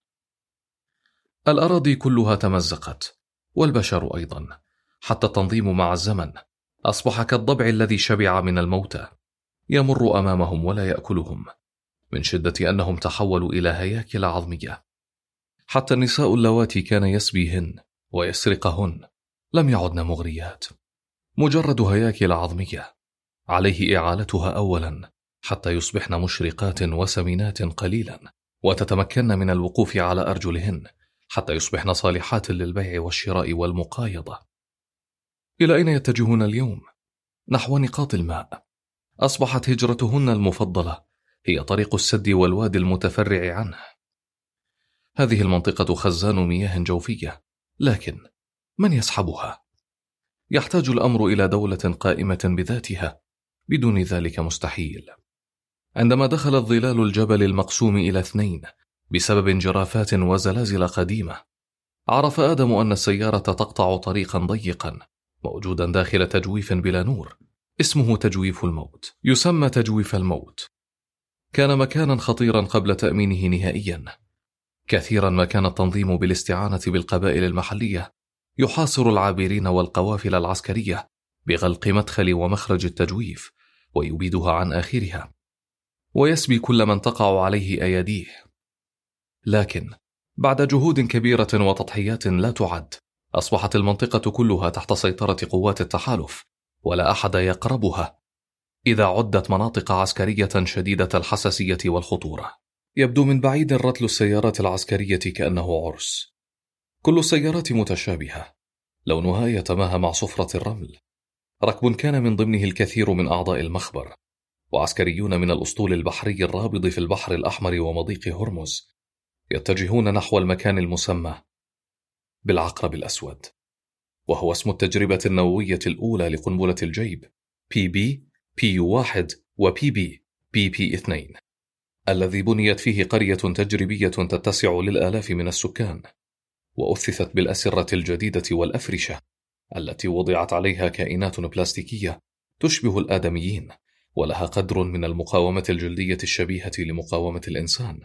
الأراضي كلها تمزقت، والبشر أيضا، حتى التنظيم مع الزمن أصبح كالضبع الذي شبع من الموتى يمر أمامهم ولا يأكلهم من شدة أنهم تحولوا إلى هياكل عظمية. حتى النساء اللواتي كان يسبيهن ويسرقهن لم يعدن مغريات، مجرد هياكل عظمية عليه إعالتها أولا حتى يصبحن مشرقات وسمينات قليلا، وتتمكن من الوقوف على أرجلهن حتى يصبحن صالحات للبيع والشراء والمقايضة. إلى أين يتجهون اليوم؟ نحو نقاط الماء. أصبحت هجرتهن المفضلة هي طريق السد والوادي المتفرع عنه. هذه المنطقة خزان مياه جوفية، لكن من يسحبها؟ يحتاج الأمر إلى دولة قائمة بذاتها، بدون ذلك مستحيل. عندما دخل الظلال الجبل المقسوم إلى اثنين بسبب انجرافات وزلازل قديمة، عرف آدم أن السيارة تقطع طريقا ضيقا موجودا داخل تجويف بلا نور، اسمه تجويف الموت. يسمى تجويف الموت. كان مكانا خطيرا قبل تأمينه نهائيا. كثيرا ما كان التنظيم بالاستعانة بالقبائل المحلية يحاصر العابرين والقوافل العسكرية بغلق مدخل ومخرج التجويف ويبيدها عن آخرها، ويسبي كل من تقع عليه أيديه. لكن بعد جهود كبيرة وتضحيات لا تعد، أصبحت المنطقة كلها تحت سيطرة قوات التحالف، ولا أحد يقربها إذا عدت مناطق عسكرية شديدة الحساسية والخطورة. يبدو من بعيد رتل السيارات العسكرية كأنه عرس. كل السيارات متشابهة، لونها يتماهى مع صفرة الرمل. ركب كان من ضمنه الكثير من أعضاء المخبر، وعسكريون من الأسطول البحري الرابض في البحر الأحمر ومضيق هرمز، يتجهون نحو المكان المسمى بالعقرب الأسود، وهو اسم التجربة النووية الأولى لقنبلة الجيب بي بي بي يو واحد وبي بي بي بي اثنين، الذي بنيت فيه قرية تجريبية تتسع للآلاف من السكان، وأثثت بالأسرة الجديدة والأفرشة التي وضعت عليها كائنات بلاستيكية تشبه الآدميين، ولها قدر من المقاومة الجلدية الشبيهة لمقاومة الإنسان.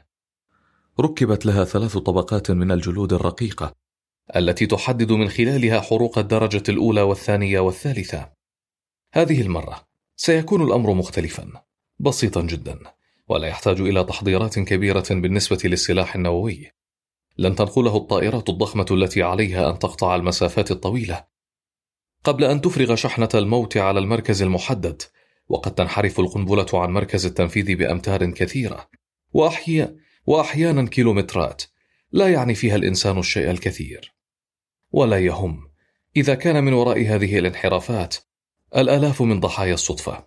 ركبت لها ثلاث طبقات من الجلود الرقيقة التي تحدد من خلالها حروق الدرجة الأولى والثانية والثالثة. هذه المرة سيكون الأمر مختلفا، بسيطا جدا، ولا يحتاج إلى تحضيرات كبيرة بالنسبة للسلاح النووي. لن تنقله الطائرات الضخمة التي عليها أن تقطع المسافات الطويلة قبل أن تفرغ شحنة الموت على المركز المحدد، وقد تنحرف القنبلة عن مركز التنفيذ بأمتار كثيرة وأحيانا وأحيانا كيلومترات، لا يعني فيها الإنسان الشيء الكثير، ولا يهم إذا كان من وراء هذه الانحرافات الآلاف من ضحايا الصدفة.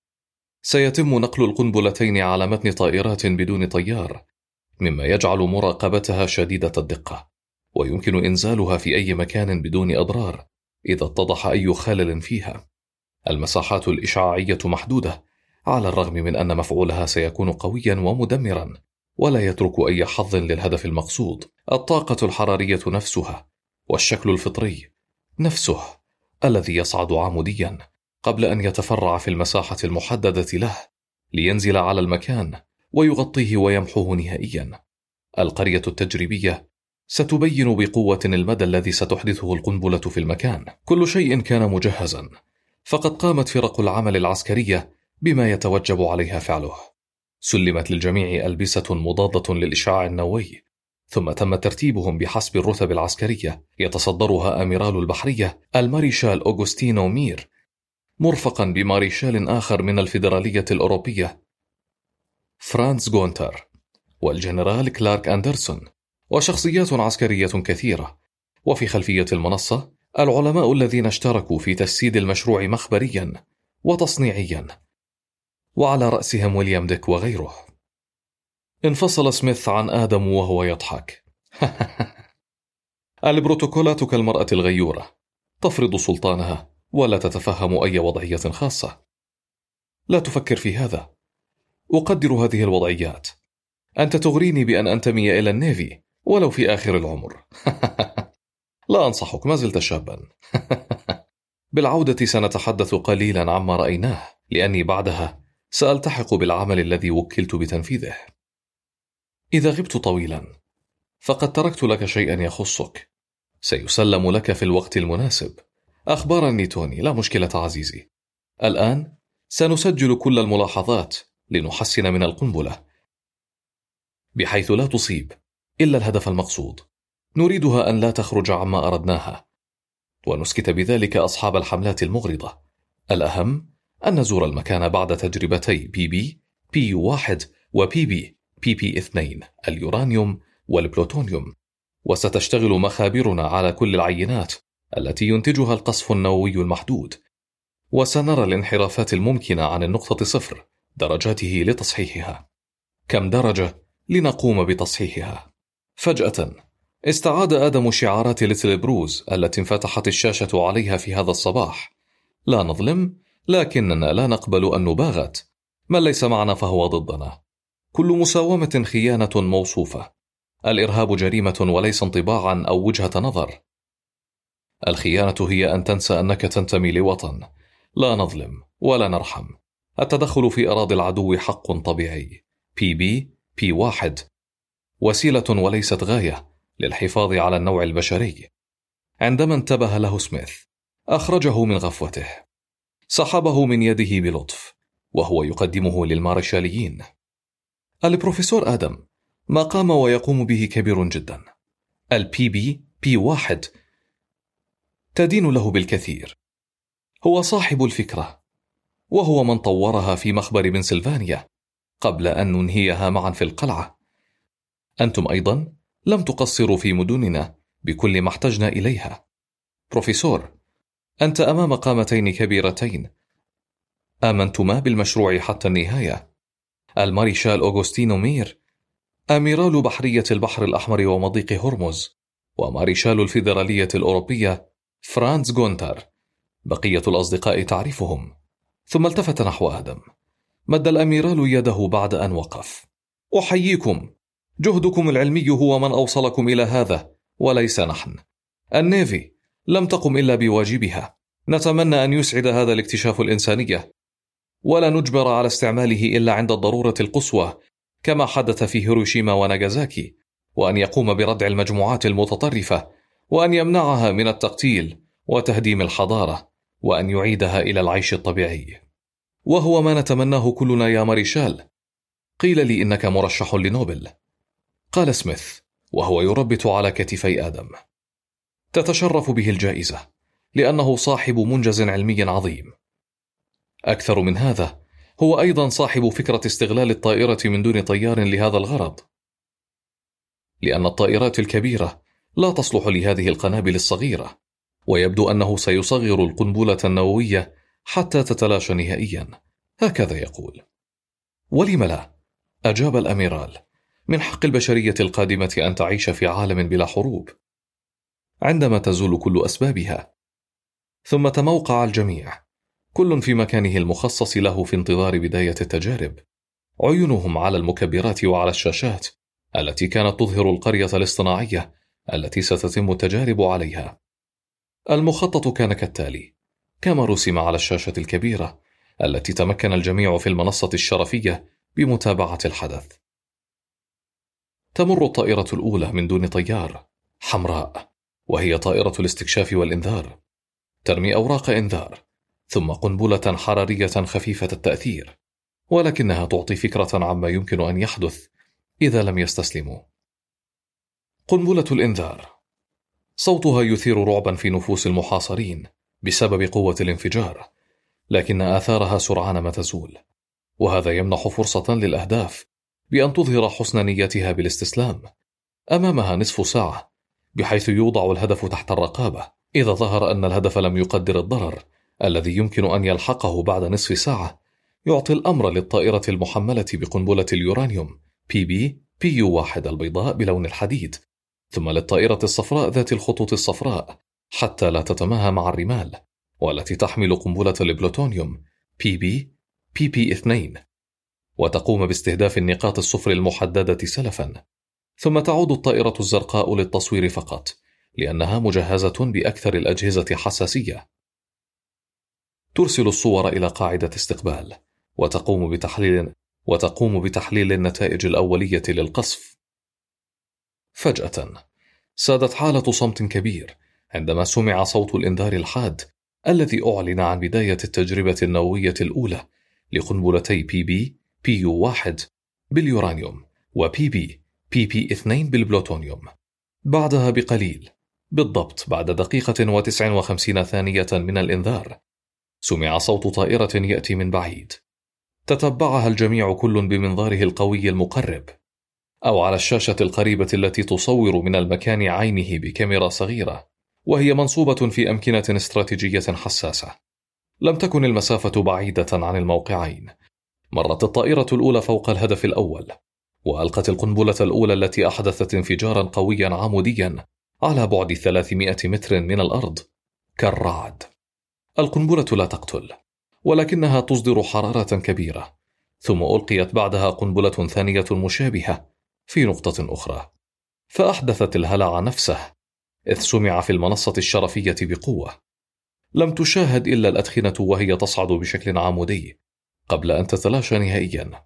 سيتم نقل القنبلتين على متن طائرات بدون طيار، مما يجعل مراقبتها شديدة الدقة، ويمكن إنزالها في أي مكان بدون أضرار إذا اتضح أي خلل فيها. المساحات الإشعاعية محدودة، على الرغم من أن مفعولها سيكون قويا ومدمرا، ولا يترك أي حظ للهدف المقصود. الطاقة الحرارية نفسها والشكل الفطري نفسه الذي يصعد عموديا قبل أن يتفرع في المساحة المحددة له لينزل على المكان ويغطيه ويمحوه نهائيا. القرية التجريبية ستبين بقوة المدى الذي ستحدثه القنبلة في المكان. كل شيء كان مجهزا، فقد قامت فرق العمل العسكرية بما يتوجب عليها فعله. سلمت للجميع ألبسة مضادة للإشعاع النووي، ثم تم ترتيبهم بحسب الرتب العسكرية، يتصدرها أميرال البحرية الماريشال أوغوستينو مير، مرفقا بماريشال آخر من الفيدرالية الأوروبية فرانز غونتر، والجنرال كلارك أندرسون، وشخصيات عسكرية كثيرة. وفي خلفية المنصة العلماء الذين اشتركوا في تجسيد المشروع مخبريا وتصنيعيا، وعلى رأسهم ويليام ديك وغيره. انفصل سميث عن آدم وهو يضحك. البروتوكولات كالمرأة الغيورة، تفرض سلطانها ولا تتفهم أي وضعية خاصة. لا تفكر في هذا، أقدر هذه الوضعيات. أنت تغريني بأن أنتمي إلى النيفي ولو في آخر العمر. لا أنصحك، ما زلت شابا. بالعودة سنتحدث قليلا عما رأيناه، لأني بعدها سألتحق بالعمل الذي وكلت بتنفيذه. إذا غبت طويلا فقد تركت لك شيئا يخصك، سيسلم لك في الوقت المناسب. أخبرني توني، لا مشكلة عزيزي. الآن سنسجل كل الملاحظات لنحسن من القنبلة بحيث لا تصيب إلا الهدف المقصود. نريدها أن لا تخرج عما أردناها، ونسكت بذلك أصحاب الحملات المغرضة. الأهم أن نزور المكان بعد تجربتي بي بي بي يو واحد وبي بي بي بي اثنين اليورانيوم والبلوتونيوم، وستشتغل مخابرنا على كل العينات التي ينتجها القصف النووي المحدود، وسنرى الانحرافات الممكنة عن النقطة صفر درجاته لتصحيحها. كم درجة لنقوم بتصحيحها؟ فجأة استعاد آدم شعارات ليتل بروز التي انفتحت الشاشة عليها في هذا الصباح: لا نظلم، لكننا لا نقبل أن نباغت. من ليس معنا فهو ضدنا. كل مساومة خيانة موصوفة. الإرهاب جريمة وليس انطباعا أو وجهة نظر. الخيانة هي أن تنسى أنك تنتمي لوطن. لا نظلم ولا نرحم. التدخل في أراضي العدو حق طبيعي. بي بي بي واحد وسيلة وليست غاية للحفاظ على النوع البشري. عندما انتبه له سميث أخرجه من غفوته، سحبه من يده بلطف وهو يقدمه للمارشاليين. البروفيسور آدم ما قام ويقوم به كبير جدا. البي بي بي واحد تدين له بالكثير. هو صاحب الفكرة، وهو من طورها في مخبر بنسلفانيا قبل أن ننهيها معا في القلعة. أنتم أيضا لم تقصروا في مدننا بكل ما احتجنا إليها. بروفيسور، أنت أمام قامتين كبيرتين آمنتما بالمشروع حتى النهاية. الماريشال أوغوستينو مير، أميرال بحرية البحر الأحمر ومضيق هرمز، وماريشال الفيدرالية الأوروبية فرانز غونتر. بقية الأصدقاء تعرفهم. ثم التفت نحو آدم. مد الأميرال يده بعد أن وقف. أحييكم. جهدكم العلمي هو من أوصلكم إلى هذا وليس نحن. النيفي لم تقم إلا بواجبها. نتمنى أن يسعد هذا الاكتشاف الإنسانية، ولا نجبر على استعماله إلا عند الضرورة القصوى كما حدث في هيروشيما وناغازاكي، وأن يقوم بردع المجموعات المتطرفة، وأن يمنعها من التقتيل وتهديم الحضارة، وأن يعيدها إلى العيش الطبيعي. وهو ما نتمناه كلنا يا ماريشال. قيل لي إنك مرشح لنوبل، قال سميث وهو يربط على كتفي آدم. تتشرف به الجائزة لأنه صاحب منجز علمي عظيم. أكثر من هذا، هو أيضا صاحب فكرة استغلال الطائرة من دون طيار لهذا الغرض، لأن الطائرات الكبيرة لا تصلح لهذه القنابل الصغيرة، ويبدو أنه سيصغر القنبلة النووية حتى تتلاشى نهائيا. هكذا يقول. ولم لا؟ أجاب الأميرال. من حق البشرية القادمة أن تعيش في عالم بلا حروب عندما تزول كل أسبابها. ثم تموقع الجميع، كل في مكانه المخصص له في انتظار بداية التجارب. عيونهم على المكبرات وعلى الشاشات التي كانت تظهر القرية الاصطناعية التي ستتم التجارب عليها. المخطط كان كالتالي كما رسم على الشاشة الكبيرة التي تمكن الجميع في المنصة الشرفية بمتابعة الحدث. تمر الطائرة الأولى من دون طيار، حمراء، وهي طائرة الاستكشاف والإنذار. ترمي أوراق إنذار، ثم قنبلة حرارية خفيفة التأثير، ولكنها تعطي فكرة عما يمكن أن يحدث إذا لم يستسلموا. قنبلة الإنذار صوتها يثير رعبا في نفوس المحاصرين بسبب قوة الانفجار، لكن آثارها سرعان ما تزول، وهذا يمنح فرصة للأهداف بأن تظهر حسن نيتها بالاستسلام. أمامها نصف ساعة بحيث يوضع الهدف تحت الرقابة. إذا ظهر أن الهدف لم يقدر الضرر الذي يمكن أن يلحقه بعد نصف ساعة، يعطي الأمر للطائرة المحملة بقنبلة اليورانيوم بي بي بي يو واحد البيضاء بلون الحديد، ثم للطائرة الصفراء ذات الخطوط الصفراء حتى لا تتماهى مع الرمال، والتي تحمل قنبلة البلوتونيوم بي بي بي بي اثنين، وتقوم باستهداف النقاط الصفر المحددة سلفا. ثم تعود الطائرة الزرقاء للتصوير فقط، لأنها مجهزة بأكثر الأجهزة حساسية. ترسل الصور إلى قاعدة استقبال، وتقوم بتحليل وتقوم بتحليل النتائج الأولية للقصف. فجأة سادت حالة صمت كبير عندما سمع صوت الإنذار الحاد الذي أعلن عن بداية التجربة النووية الأولى لقنبلتي بي بي بي يو واحد باليورانيوم وبي بي بي بي اثنين بالبلوتونيوم. بعدها بقليل، بالضبط بعد دقيقة وتسع وخمسين ثانية من الإنذار، سمع صوت طائرة يأتي من بعيد. تتبعها الجميع كل بمنظاره القوي المقرب، أو على الشاشة القريبة التي تصور من المكان عينه بكاميرا صغيرة، وهي منصوبة في أمكنة استراتيجية حساسة. لم تكن المسافة بعيدة عن الموقعين. مرت الطائرة الأولى فوق الهدف الأول، وألقت القنبلة الأولى التي أحدثت انفجارا قويا عموديا على بعد ثلاثمائة متر من الأرض كالرعد. القنبلة لا تقتل، ولكنها تصدر حرارة كبيرة، ثم ألقيت بعدها قنبلة ثانية مشابهة في نقطة أخرى، فأحدثت الهلع نفسه، إذ سمع في المنصة الشرفية بقوة. لم تشاهد إلا الأدخنة وهي تصعد بشكل عمودي قبل أن تتلاشى نهائيا.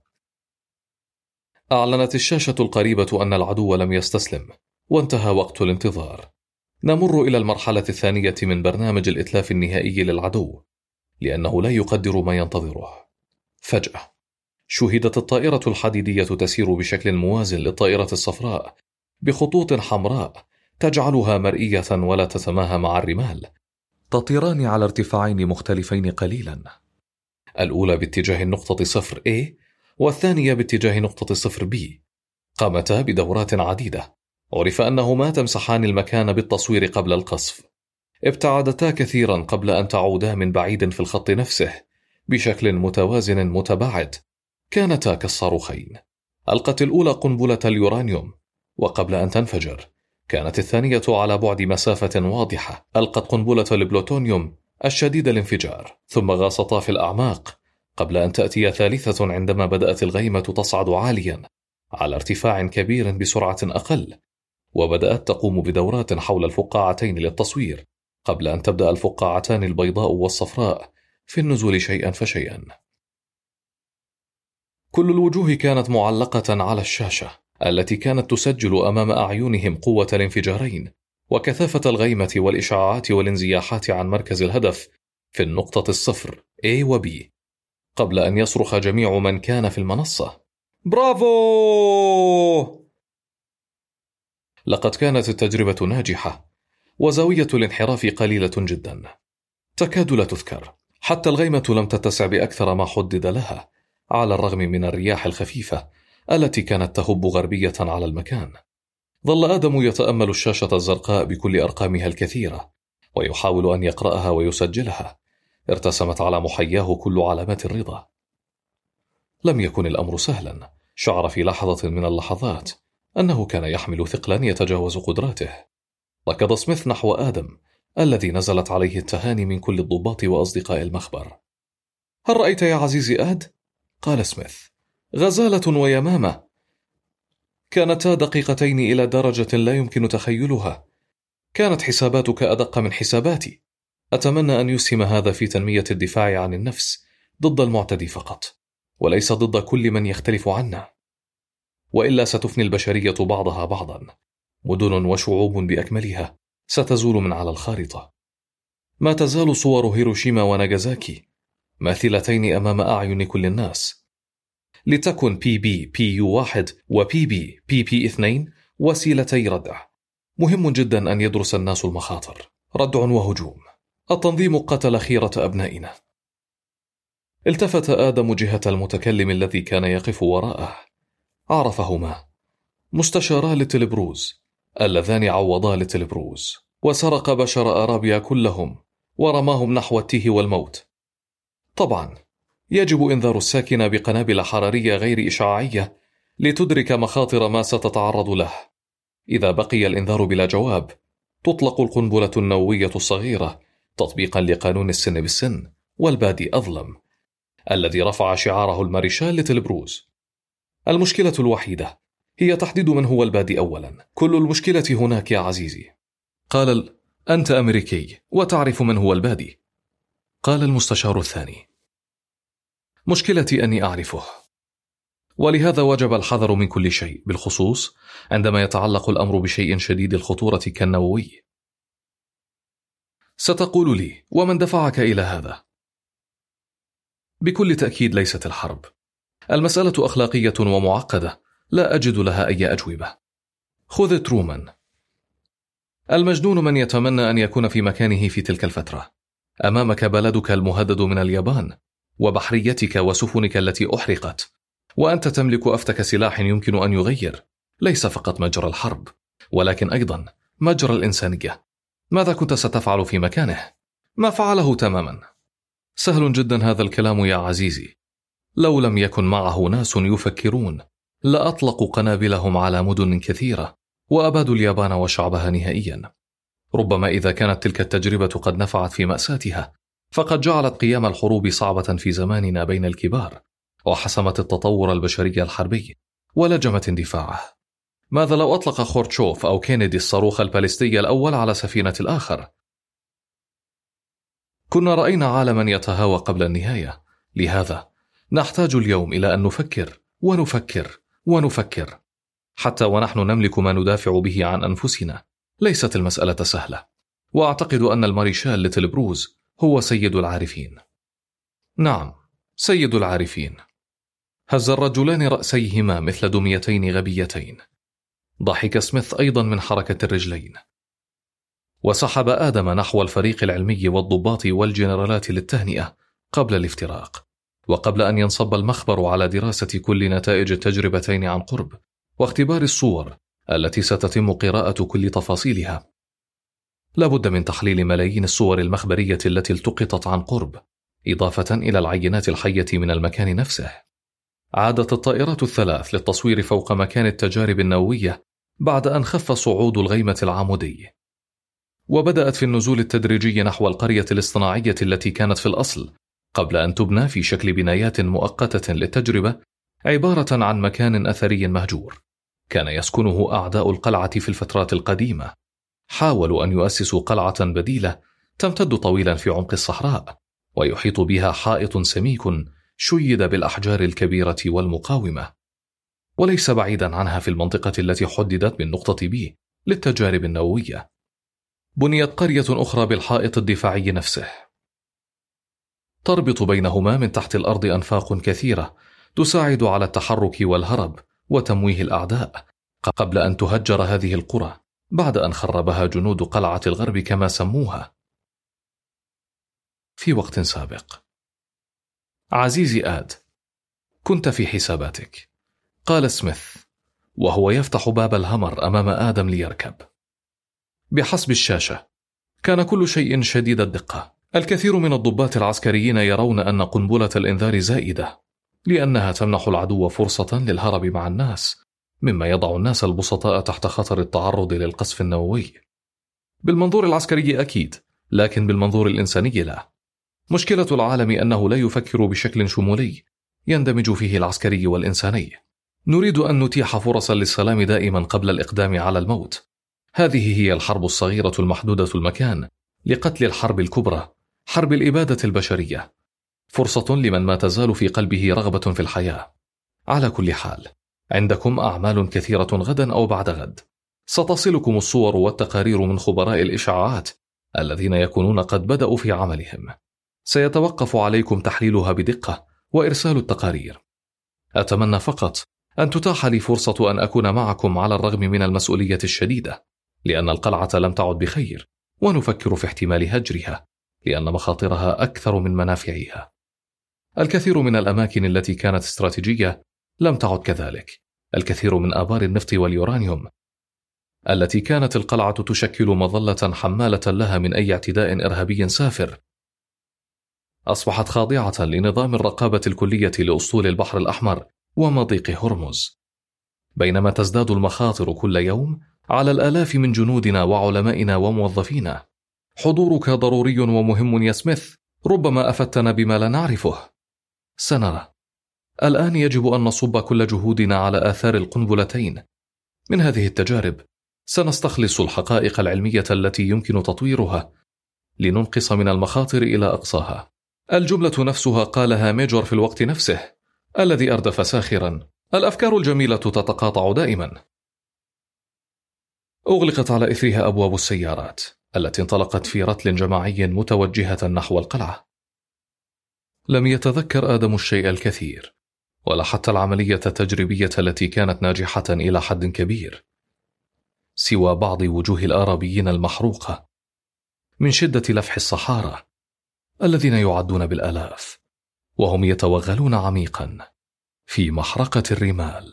أعلنت الشاشة القريبة أن العدو لم يستسلم، وانتهى وقت الانتظار. نمر إلى المرحلة الثانية من برنامج الإتلاف النهائي للعدو، لأنه لا يقدر ما ينتظره. فجأة شُهدت الطائرة الحديدية تسير بشكل موازٍ للطائرة الصفراء بخطوط حمراء تجعلها مرئية ولا تتماهى مع الرمال، تطيران على ارتفاعين مختلفين قليلا، الأولى باتجاه النقطة صفر A والثانية باتجاه نقطة صفر B. قامتا بدورات عديدة، عرف أنهما تمسحان المكان بالتصوير قبل القصف. ابتعدتا كثيرا قبل أن تعودا من بعيد في الخط نفسه بشكل متوازن متباعد، كانتا كالصاروخين. ألقت الأولى قنبلة اليورانيوم، وقبل أن تنفجر كانت الثانية على بعد مسافة واضحة ألقت قنبلة البلوتونيوم الشديد الانفجار، ثم غاصتا في الأعماق قبل أن تأتي ثالثة عندما بدأت الغيمة تصعد عاليا على ارتفاع كبير بسرعة أقل، وبدأت تقوم بدورات حول الفقاعتين للتصوير قبل أن تبدأ الفقاعتان البيضاء والصفراء في النزول شيئا فشيئا. كل الوجوه كانت معلقة على الشاشة التي كانت تسجل أمام أعينهم قوة الانفجارين وكثافة الغيمة والإشعاعات والانزياحات عن مركز الهدف في النقطة الصفر A و B، قبل أن يصرخ جميع من كان في المنصة: برافو! لقد كانت التجربة ناجحة، وزاوية الانحراف قليلة جدا، تكاد لا تذكر. حتى الغيمة لم تتسع بأكثر ما حدد لها، على الرغم من الرياح الخفيفة التي كانت تهب غربية على المكان. ظل آدم يتأمل الشاشة الزرقاء بكل أرقامها الكثيرة، ويحاول أن يقرأها ويسجلها. ارتسمت على محياه كل علامات الرضا. لم يكن الأمر سهلا. شعر في لحظة من اللحظات أنه كان يحمل ثقلا يتجاوز قدراته. ركض سميث نحو آدم الذي نزلت عليه التهاني من كل الضباط وأصدقاء المخبر. هل رأيت يا عزيزي آد؟ قال سميث. غزالة ويمامة. كانتا دقيقتين إلى درجة لا يمكن تخيلها. كانت حساباتك أدق من حساباتي. أتمنى أن يسهم هذا في تنمية الدفاع عن النفس ضد المعتدي فقط، وليس ضد كل من يختلف عنا، وإلا ستفني البشرية بعضها بعضا. مدن وشعوب بأكملها ستزول من على الخارطة. ما تزال صور هيروشيما وناغازاكي ماثلتين أمام أعين كل الناس. لتكن بي بي بي يو واحد وبي بي بي بي اثنين وسيلتي ردع. مهم جدا أن يدرس الناس المخاطر. ردع وهجوم. التنظيم قتل خيرة أبنائنا. التفت آدم جهة المتكلم الذي كان يقف وراءه. عرفهما. مستشارا لتلبروز اللذان عوضا لتلبروز، وسرق بشر أرابيا كلهم ورماهم نحو التيه والموت. طبعا يجب إنذار الساكن بقنابل حرارية غير إشعاعية لتدرك مخاطر ما ستتعرض له. إذا بقي الإنذار بلا جواب، تطلق القنبلة النووية الصغيرة تطبيقا لقانون السن بالسن والبادي أظلم الذي رفع شعاره الماريشال لتلبروز. المشكلة الوحيدة هي تحديد من هو البادي أولا. كل المشكلة هناك يا عزيزي. قال ال... أنت أمريكي وتعرف من هو البادي. قال المستشار الثاني. مشكلتي أني أعرفه، ولهذا وجب الحذر من كل شيء، بالخصوص عندما يتعلق الأمر بشيء شديد الخطورة كالنووي. ستقول لي: ومن دفعك إلى هذا؟ بكل تأكيد ليست الحرب. المسألة أخلاقية ومعقدة، لا أجد لها أي أجوبة. خذ ترومان. المجنون من يتمنى أن يكون في مكانه في تلك الفترة. أمامك بلدك المهدد من اليابان، وبحريتك وسفنك التي أحرقت، وأنت تملك أفتك سلاح يمكن أن يغير ليس فقط مجرى الحرب، ولكن أيضا مجرى الإنسانية. ماذا كنت ستفعل في مكانه؟ ما فعله تماما. سهل جدا هذا الكلام يا عزيزي. لو لم يكن معه ناس يفكرون لأطلقوا قنابلهم على مدن كثيرة وأبادوا اليابان وشعبها نهائيا. ربما إذا كانت تلك التجربة قد نفعت في مأساتها، فقد جعلت قيام الحروب صعبة في زماننا بين الكبار، وحسمت التطور البشري الحربي ولجمت اندفاعه. ماذا لو أطلق خورتشوف أو كينيدي الصاروخ الباليستي الأول على سفينة الآخر؟ كنا رأينا عالما يتهاوى قبل النهاية. لهذا نحتاج اليوم إلى أن نفكر ونفكر ونفكر حتى ونحن نملك ما ندافع به عن أنفسنا. ليست المسألة سهلة، وأعتقد أن الماريشال ليتل بروز هو سيد العارفين. نعم، سيد العارفين. هز الرجلان رأسيهما مثل دميتين غبيتين. ضحك سميث أيضا من حركة الرجلين، وسحب آدم نحو الفريق العلمي والضباط والجنرالات للتهنئة قبل الافتراق، وقبل أن ينصب المخبر على دراسة كل نتائج التجربتين عن قرب واختبار الصور التي ستتم قراءة كل تفاصيلها. لابد من تحليل ملايين الصور المخبرية التي التقطت عن قرب، إضافة إلى العينات الحية من المكان نفسه. عادت الطائرات الثلاث للتصوير فوق مكان التجارب النووية بعد أن خف صعود الغيمة العمودي، وبدأت في النزول التدريجي نحو القرية الاصطناعية التي كانت في الأصل قبل أن تبنى في شكل بنايات مؤقتة للتجربة، عبارة عن مكان أثري مهجور كان يسكنه أعداء القلعة في الفترات القديمة. حاولوا أن يؤسسوا قلعة بديلة تمتد طويلا في عمق الصحراء، ويحيط بها حائط سميك شيد بالأحجار الكبيرة والمقاومة، وليس بعيدا عنها في المنطقة التي حددت بالنقطة بي للتجارب النووية بنيت قرية أخرى بالحائط الدفاعي نفسه، تربط بينهما من تحت الأرض أنفاق كثيرة تساعد على التحرك والهرب وتمويه الأعداء، قبل أن تهجر هذه القرى بعد أن خربها جنود قلعة الغرب كما سموها في وقت سابق. عزيزي آد، كنت في حساباتك، قال سميث وهو يفتح باب الهمر أمام آدم ليركب. بحسب الشاشة كان كل شيء شديد الدقة. الكثير من الضباط العسكريين يرون أن قنبلة الإنذار زائدة، لأنها تمنح العدو فرصة للهرب مع الناس، مما يضع الناس البسطاء تحت خطر التعرض للقصف النووي. بالمنظور العسكري أكيد، لكن بالمنظور الإنساني لا. مشكلة العالم أنه لا يفكر بشكل شمولي يندمج فيه العسكري والإنساني. نريد أن نتيح فرصا للسلام دائما قبل الإقدام على الموت. هذه هي الحرب الصغيرة المحدودة المكان لقتل الحرب الكبرى، حرب الإبادة البشرية، فرصة لمن ما تزال في قلبه رغبة في الحياة. على كل حال، عندكم أعمال كثيرة غدا أو بعد غد. ستصلكم الصور والتقارير من خبراء الإشعاعات الذين يكونون قد بدأوا في عملهم. سيتوقف عليكم تحليلها بدقة وإرسال التقارير. أتمنى فقط أن تتاح لي فرصة أن أكون معكم على الرغم من المسؤولية الشديدة، لأن القلعة لم تعد بخير، ونفكر في احتمال هجرها لأن مخاطرها أكثر من منافعها. الكثير من الأماكن التي كانت استراتيجية لم تعد كذلك. الكثير من آبار النفط واليورانيوم التي كانت القلعة تشكل مظلة حمالة لها من أي اعتداء إرهابي سافر أصبحت خاضعة لنظام الرقابة الكلية لأسطول البحر الأحمر ومضيق هرمز. بينما تزداد المخاطر كل يوم على الآلاف من جنودنا وعلمائنا وموظفينا. حضورك ضروري ومهم يا سميث، ربما أفتنا بما لا نعرفه. سنرى. الآن يجب أن نصب كل جهودنا على آثار القنبلتين. من هذه التجارب سنستخلص الحقائق العلمية التي يمكن تطويرها لننقص من المخاطر إلى أقصاها. الجملة نفسها قالها ميجور في الوقت نفسه الذي أردف ساخرا. الأفكار الجميلة تتقاطع دائما. أغلقت على إثرها أبواب السيارات التي انطلقت في رتل جماعي متوجهة نحو القلعة. لم يتذكر آدم الشيء الكثير، ولا حتى العملية التجريبية التي كانت ناجحة إلى حد كبير، سوى بعض وجوه الآرابيين المحروقة من شدة لفح الصحارى الذين يعدون بالآلاف، وهم يتوغلون عميقا في محرقة الرمال.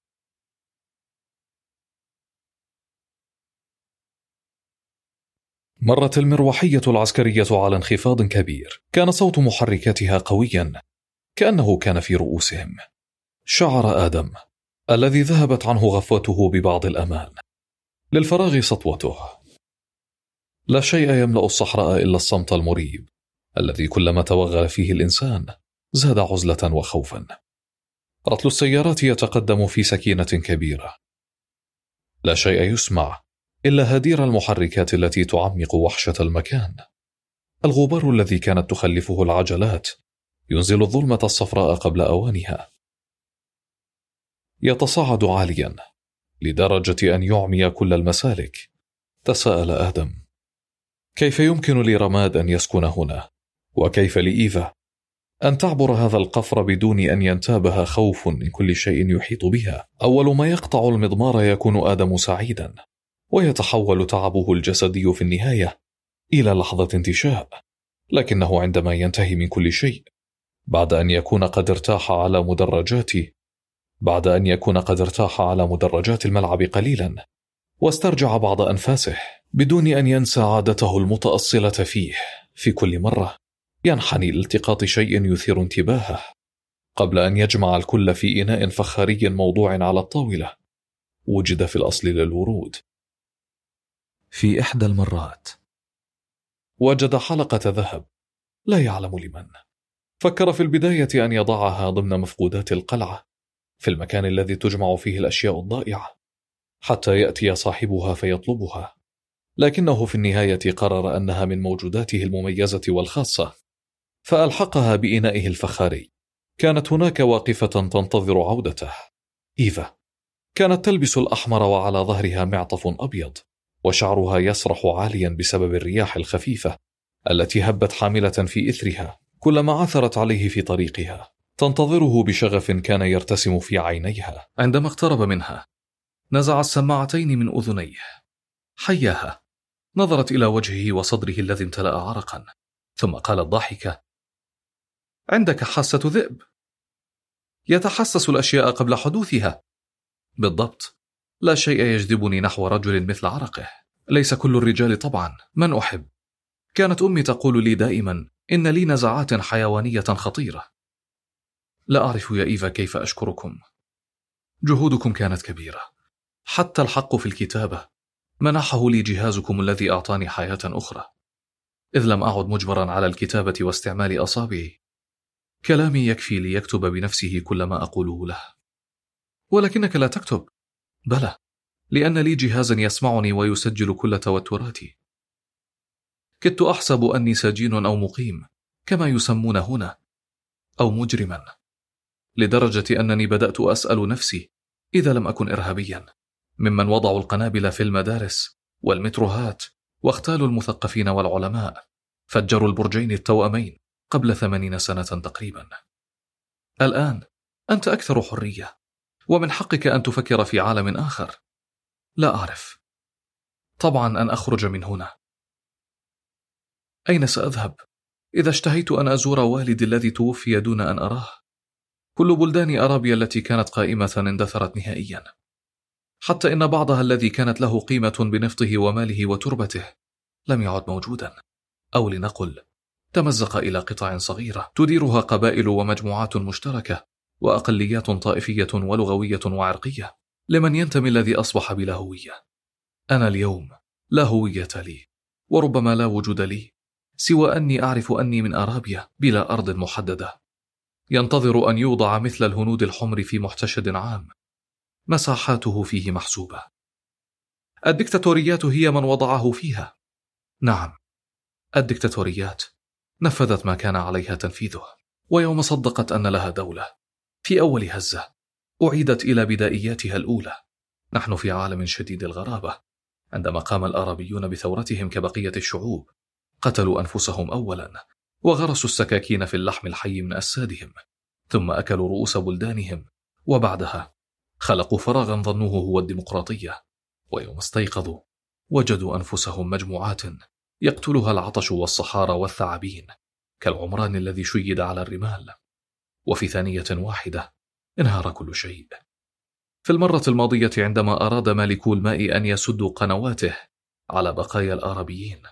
مرت المروحية العسكرية على انخفاض كبير، كان صوت محركاتها قويا كأنه كان في رؤوسهم. شعر آدم الذي ذهبت عنه غفوته ببعض الأمان، للفراغ سطوته. لا شيء يملأ الصحراء إلا الصمت المريب الذي كلما توغل فيه الإنسان زاد عزلة وخوفا. رطل السيارات يتقدم في سكينة كبيرة، لا شيء يسمع إلا هدير المحركات التي تعمق وحشة المكان. الغبار الذي كانت تخلفه العجلات ينزل الظلمة الصفراء قبل أوانها، يتصاعد عاليا لدرجة أن يعمي كل المسالك. تساءل آدم: كيف يمكن لرماد أن يسكن هنا؟ وكيف لإيفا أن تعبر هذا القفر بدون أن ينتابها خوف من كل شيء يحيط بها؟ أول ما يقطع المضمار يكون آدم سعيدا، ويتحول تعبه الجسدي في النهاية إلى لحظة انتشاء، لكنه عندما ينتهي من كل شيء، بعد أن يكون قد ارتاح على مدرجات بعد أن يكون قد ارتاح على مدرجات الملعب قليلا واسترجع بعض أنفاسه، بدون أن ينسى عادته المتأصلة فيه في كل مرة ينحني لالتقاط شيء يثير انتباهه قبل أن يجمع الكل في إناء فخاري موضوع على الطاولة وجد في الأصل للورود. في إحدى المرات وجد حلقة ذهب، لا يعلم لمن. فكر في البداية أن يضعها ضمن مفقودات القلعة في المكان الذي تجمع فيه الأشياء الضائعة حتى يأتي صاحبها فيطلبها، لكنه في النهاية قرر أنها من موجوداته المميزة والخاصة، فألحقها بإنائه الفخاري. كانت هناك واقفة تنتظر عودته. إيفا كانت تلبس الأحمر وعلى ظهرها معطف أبيض، وشعرها يسرح عاليا بسبب الرياح الخفيفة التي هبت حاملة في إثرها كلما عثرت عليه في طريقها. تنتظره بشغف كان يرتسم في عينيها. عندما اقترب منها نزع السماعتين من أذنيه، حياها، نظرت إلى وجهه وصدره الذي امتلأ عرقا، ثم قالت ضاحكة: عندك حاسة ذئب، يتحسس الأشياء قبل حدوثها. بالضبط، لا شيء يجذبني نحو رجل مثل عرقه. ليس كل الرجال طبعا، من أحب. كانت أمي تقول لي دائما إن لي نزعات حيوانية خطيرة. لا أعرف يا إيفا كيف أشكركم، جهودكم كانت كبيرة. حتى الحق في الكتابة منحه لي جهازكم الذي أعطاني حياة أخرى، إذ لم أعد مجبرا على الكتابة واستعمال أصابعي. كلامي يكفي ليكتب بنفسه كل ما أقوله له. ولكنك لا تكتب. بلى، لأن لي جهازا يسمعني ويسجل كل توتراتي. كدت أحسب أني سجين أو مقيم كما يسمون هنا، أو مجرما، لدرجة أنني بدأت أسأل نفسي إذا لم أكن إرهابيا ممن وضعوا القنابل في المدارس والمتروهات واغتالوا المثقفين والعلماء، فجروا البرجين التوأمين قبل ثمانين سنة تقريبا. الآن أنت أكثر حرية، ومن حقك أن تفكر في عالم آخر. لا أعرف، طبعا أن أخرج من هنا. أين سأذهب إذا اشتهيت أن أزور والدي الذي توفي دون أن أراه؟ كل بلدان أرابيا التي كانت قائمة اندثرت نهائيا، حتى إن بعضها الذي كانت له قيمة بنفطه وماله وتربته لم يعد موجودا، أو لنقل تمزق إلى قطع صغيرة تديرها قبائل ومجموعات مشتركة وأقليات طائفية ولغوية وعرقية، لمن ينتمي الذي أصبح بلا هوية. أنا اليوم لا هوية لي، وربما لا وجود لي، سوى أني أعرف أني من أرابيا بلا أرض محددة، ينتظر أن يوضع مثل الهنود الحمر في محتشد عام مساحاته فيه محسوبة. الدكتاتوريات هي من وضعه فيها. نعم، الدكتاتوريات نفذت ما كان عليها تنفيذه، ويوم صدقت أن لها دولة في أول هزة أعيدت إلى بدائياتها الأولى. نحن في عالم شديد الغرابة. عندما قام الأرابيون بثورتهم كبقية الشعوب قتلوا أنفسهم أولا، وغرسوا السكاكين في اللحم الحي من أجسادهم، ثم أكلوا رؤوس بلدانهم، وبعدها خلقوا فراغا ظنوه هو الديمقراطية، ويوم استيقظوا وجدوا أنفسهم مجموعات يقتلها العطش والصحارى والثعابين كالعمران الذي شيد على الرمال، وفي ثانية واحدة انهار كل شيء. في المرة الماضية عندما أراد مالكو الماء أن يسدوا قنواته على بقايا الآرابيين،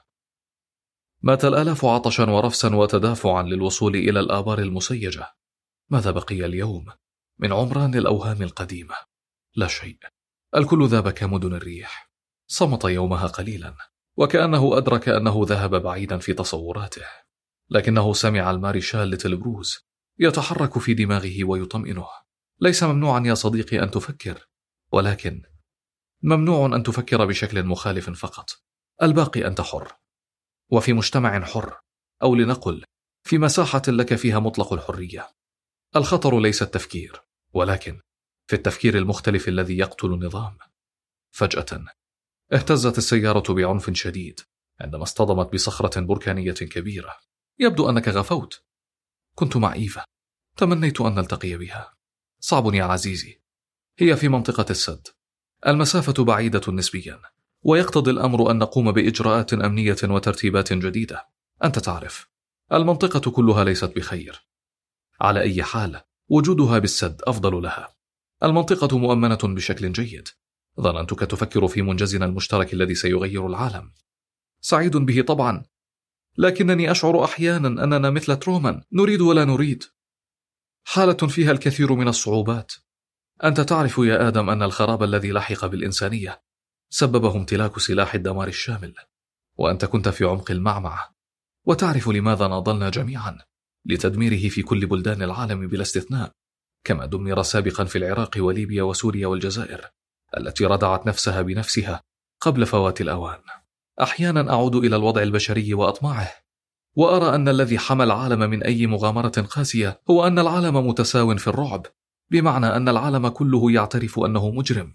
مات الآلاف عطشا ورفسا وتدافعا للوصول إلى الآبار المسيجة. ماذا بقي اليوم من عمران الأوهام القديمة؟ لا شيء. الكل ذاب كمدن الريح. صمت يومها قليلا، وكأنه أدرك أنه ذهب بعيدا في تصوراته، لكنه سمع المارشال لتلبروز يتحرك في دماغه ويطمئنه. ليس ممنوعا يا صديقي أن تفكر، ولكن ممنوع أن تفكر بشكل مخالف فقط. الباقي أنت حر، وفي مجتمع حر، أو لنقل في مساحة لك فيها مطلق الحرية. الخطر ليس التفكير، ولكن في التفكير المختلف الذي يقتل النظام. فجأة اهتزت السيارة بعنف شديد عندما اصطدمت بصخرة بركانية كبيرة. يبدو أنك غفوت. كنت مع إيفا، تمنيت أن نلتقي بها. صعب يا عزيزي، هي في منطقة السد. المسافة بعيدة نسبيا، ويقتضي الأمر أن نقوم بإجراءات أمنية وترتيبات جديدة. أنت تعرف، المنطقة كلها ليست بخير. على أي حال وجودها بالسد أفضل لها. المنطقة مؤمنة بشكل جيد. ظننتك تفكر في منجزنا المشترك الذي سيغير العالم. سعيد به طبعا، لكنني أشعر أحيانا أننا مثل ترومان، نريد ولا نريد. حالة فيها الكثير من الصعوبات. أنت تعرف يا آدم أن الخراب الذي لحق بالإنسانية سببه امتلاك سلاح الدمار الشامل، وأنت كنت في عمق المعمعة، وتعرف لماذا ناضلنا جميعا لتدميره في كل بلدان العالم بلا استثناء، كما دمر سابقا في العراق وليبيا وسوريا والجزائر التي ردعت نفسها بنفسها قبل فوات الأوان. أحيانا أعود إلى الوضع البشري وأطماعه، وأرى أن الذي حمى العالم من أي مغامرة قاسية هو أن العالم متساو في الرعب، بمعنى أن العالم كله يعترف أنه مجرم،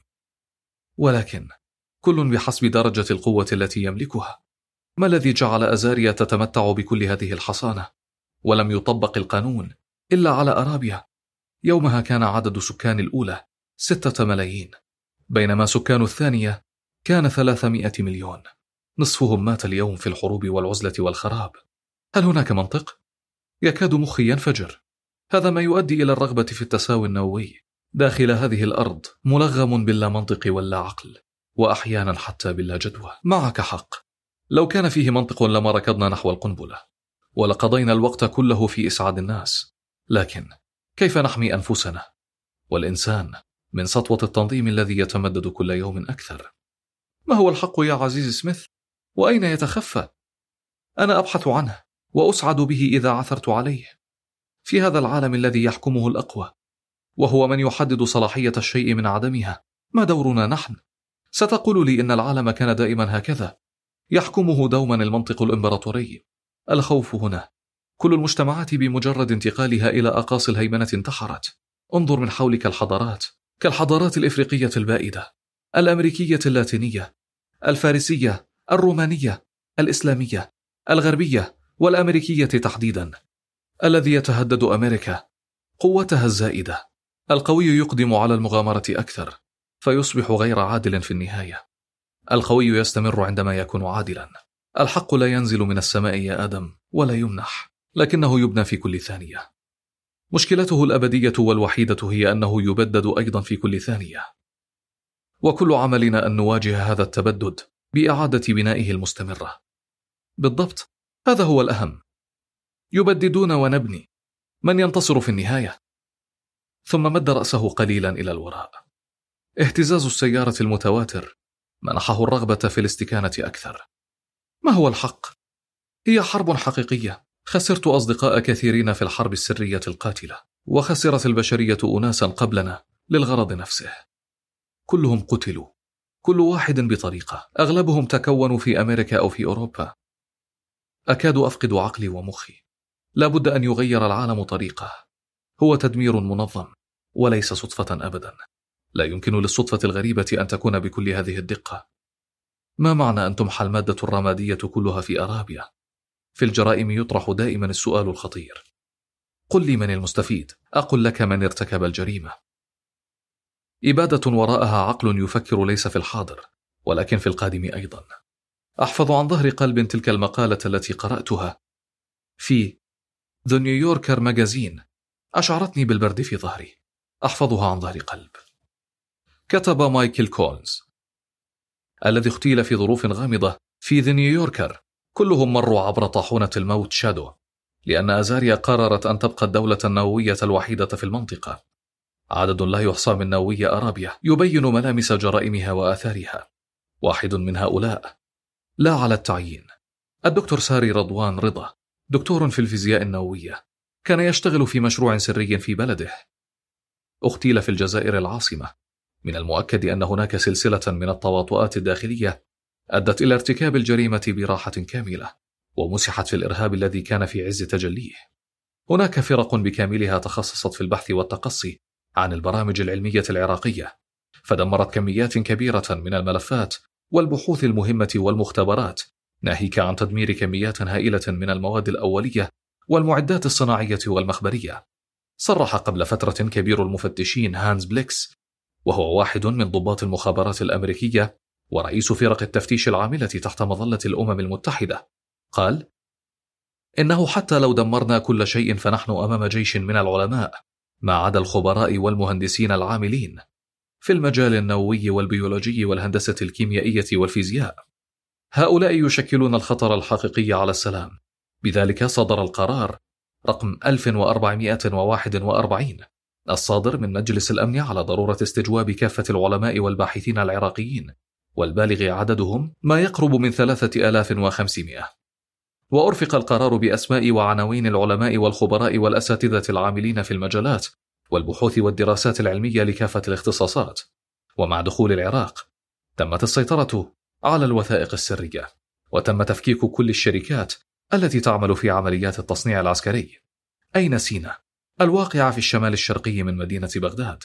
ولكن كل بحسب درجة القوة التي يملكها. ما الذي جعل أزاريا تتمتع بكل هذه الحصانة ولم يطبق القانون إلا على أرابيا؟ يومها كان عدد سكان الأولى ستة ملايين، بينما سكان الثانية كان ثلاثمائة مليون. نصفهم مات اليوم في الحروب والعزلة والخراب. هل هناك منطق؟ يكاد مخي ينفجر. هذا ما يؤدي إلى الرغبة في التساوي النووي داخل هذه الأرض، ملغم باللا منطق واللا عقل، وأحيانا حتى باللا جدوى. معك حق، لو كان فيه منطق لما ركضنا نحو القنبلة ولقضينا الوقت كله في إسعاد الناس. لكن كيف نحمي أنفسنا والإنسان من سطوة التنظيم الذي يتمدد كل يوم أكثر؟ ما هو الحق يا عزيز سميث؟ وأين يتخفى؟ أنا أبحث عنه وأسعد به إذا عثرت عليه. في هذا العالم الذي يحكمه الأقوى، وهو من يحدد صلاحية الشيء من عدمها، ما دورنا نحن؟ ستقول لي إن العالم كان دائما هكذا، يحكمه دوما المنطق الإمبراطوري. الخوف هنا. كل المجتمعات بمجرد انتقالها إلى أقاصي الهيمنة انتحرت. انظر من حولك الحضارات، كالحضارات الإفريقية البائدة، الأمريكية اللاتينية، الفارسية، الرومانية، الإسلامية، الغربية والأمريكية تحديدا. الذي يتهدد أمريكا قوتها الزائدة. القوي يقدم على المغامرة أكثر فيصبح غير عادل في النهاية. القوي يستمر عندما يكون عادلا. الحق لا ينزل من السماء يا آدم ولا يمنح، لكنه يبنى في كل ثانية. مشكلته الأبدية والوحيدة هي أنه يبدد أيضا في كل ثانية، وكل عملنا أن نواجه هذا التبدد بإعادة بنائه المستمرة. بالضبط، هذا هو الأهم. يبددون ونبني. من ينتصر في النهاية؟ ثم مد رأسه قليلا إلى الوراء. اهتزاز السيارة المتواتر منحه الرغبة في الاستكانة أكثر. ما هو الحق؟ هي حرب حقيقية. خسرت أصدقاء كثيرين في الحرب السرية القاتلة، وخسرت البشرية أناسا قبلنا للغرض نفسه. كلهم قتلوا، كل واحد بطريقة. أغلبهم تكونوا في أمريكا أو في أوروبا. أكاد أفقد عقلي ومخي. لا بد أن يغير العالم طريقه. هو تدمير منظم وليس صدفة أبدا. لا يمكن للصدفة الغريبة أن تكون بكل هذه الدقة. ما معنى أن تمحى المادة الرمادية كلها في أرابيا؟ في الجرائم يطرح دائما السؤال الخطير: قل لي من المستفيد، أقول لك من ارتكب الجريمة. إبادة وراءها عقل يفكر ليس في الحاضر ولكن في القادم أيضا. أحفظ عن ظهر قلب تلك المقالة التي قرأتها في The New Yorker ماجازين أشعرتني بالبرد في ظهري، أحفظها عن ظهر قلب. كتب مايكل كولنز الذي اغتيل في ظروف غامضة في The New Yorker. كلهم مروا عبر طاحونة الموت شادو، لأن أزاريا قررت أن تبقى الدولة النووية الوحيدة في المنطقة. عدد لا يحصى من نووي أرابيا يبين ملامس جرائمها وآثارها. واحد من هؤلاء، لا على التعيين، الدكتور ساري رضوان رضا، دكتور في الفيزياء النووية، كان يشتغل في مشروع سري في بلده. اغتيل في الجزائر العاصمة. من المؤكد أن هناك سلسلة من التواطؤات الداخلية أدت إلى ارتكاب الجريمة براحة كاملة، ومسحت في الإرهاب الذي كان في عز تجليه. هناك فرق بكاملها تخصصت في البحث والتقصي عن البرامج العلمية العراقية، فدمرت كميات كبيرة من الملفات والبحوث المهمة والمختبرات، ناهيك عن تدمير كميات هائلة من المواد الأولية والمعدات الصناعية والمخبرية. صرح قبل فترة كبير المفتشين هانز بليكس، وهو واحد من ضباط المخابرات الأمريكية ورئيس فرق التفتيش العاملة تحت مظلة الأمم المتحدة، قال: إنه حتى لو دمرنا كل شيء فنحن أمام جيش من العلماء، ما عدا الخبراء والمهندسين العاملين في المجال النووي والبيولوجي والهندسة الكيميائية والفيزياء. هؤلاء يشكلون الخطر الحقيقي على السلام. بذلك صدر القرار رقم ألف وأربعمائة وواحد وأربعين الصادر من مجلس الأمن على ضرورة استجواب كافة العلماء والباحثين العراقيين، والبالغ عددهم ما يقرب من ثلاثة آلاف وخمسمائة. وأرفق القرار بأسماء وعناوين العلماء والخبراء والأساتذة العاملين في المجالات والبحوث والدراسات العلمية لكافة الاختصاصات. ومع دخول العراق تمت السيطرة على الوثائق السرية، وتم تفكيك كل الشركات التي تعمل في عمليات التصنيع العسكري. أين سينا الواقعة في الشمال الشرقي من مدينة بغداد؟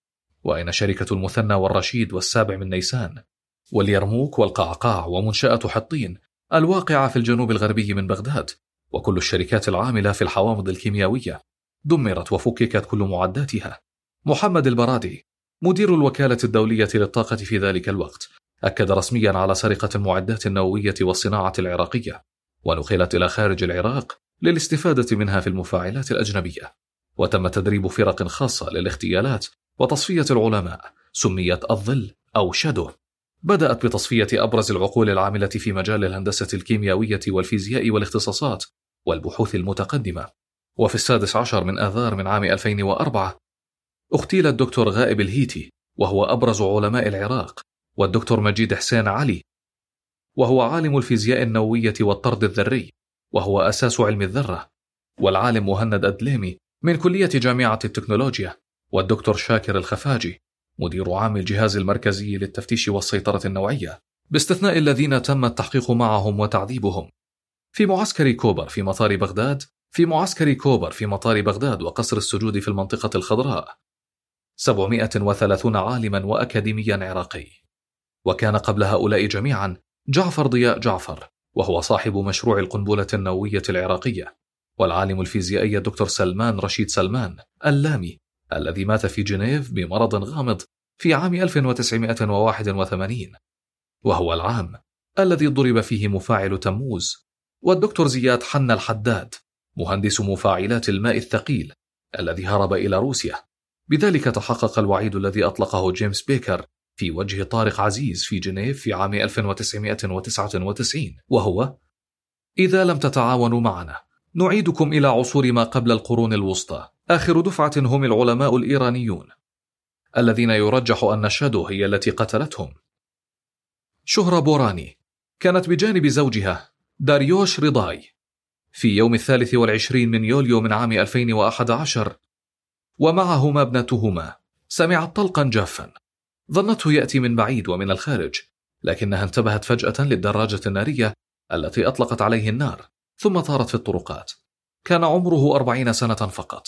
وأين شركة المثنى والرشيد والسابع من نيسان واليرموك والقعقاع ومنشأة حطين الواقعة في الجنوب الغربي من بغداد؟ وكل الشركات العاملة في الحوامض الكيميائية دمرت وفككت كل معداتها. محمد البرادي مدير الوكالة الدولية للطاقة في ذلك الوقت أكد رسميا على سرقة المعدات النووية والصناعة العراقية، ونقلت إلى خارج العراق للاستفادة منها في المفاعلات الأجنبية. وتم تدريب فرق خاصة للاغتيالات وتصفية العلماء، سميت الظل أو شادو. بدأت بتصفية أبرز العقول العاملة في مجال الهندسة الكيميائية والفيزياء والاختصاصات والبحوث المتقدمة. وفي السادس عشر من آذار من عام ألفين وأربعة اغتيل الدكتور غائب الهيتي، وهو أبرز علماء العراق، والدكتور مجيد حسين علي، وهو عالم الفيزياء النووية والطرد الذري، وهو أساس علم الذرة، والعالم مهند أدليمي من كلية جامعة التكنولوجيا، والدكتور شاكر الخفاجي مدير عام الجهاز المركزي للتفتيش والسيطرة النوعية، باستثناء الذين تم التحقيق معهم وتعذيبهم في معسكر كوبر في مطار بغداد في معسكر كوبر في مطار بغداد وقصر السجود في المنطقة الخضراء سبعمائة وثلاثين عالما وأكاديميا عراقي. وكان قبل هؤلاء جميعا جعفر ضياء جعفر، وهو صاحب مشروع القنبلة النووية العراقية، والعالم الفيزيائي الدكتور سلمان رشيد سلمان اللامي الذي مات في جنيف بمرض غامض في عام ألف وتسعمائة وواحد وثمانين، وهو العام الذي ضرب فيه مفاعل تموز. والدكتور زياد حنا الحداد مهندس مفاعلات الماء الثقيل الذي هرب إلى روسيا. بذلك تحقق الوعيد الذي أطلقه جيمس بيكر في وجه طارق عزيز في جنيف في عام ألف وتسعمائة وتسعة وتسعين، وهو: إذا لم تتعاونوا معنا نعيدكم إلى عصور ما قبل القرون الوسطى. آخر دفعة هم العلماء الإيرانيون الذين يرجح أن شادو هي التي قتلتهم. شهرة بوراني كانت بجانب زوجها داريوش رضاي في يوم الثالث والعشرين من يوليو من عام ألفين وأحد عشر، ومعهما ابنتهما. سمعت طلقا جافا ظنته يأتي من بعيد ومن الخارج، لكنها انتبهت فجأة للدراجة النارية التي أطلقت عليه النار ثم طارت في الطرقات. كان عمره أربعين سنة فقط.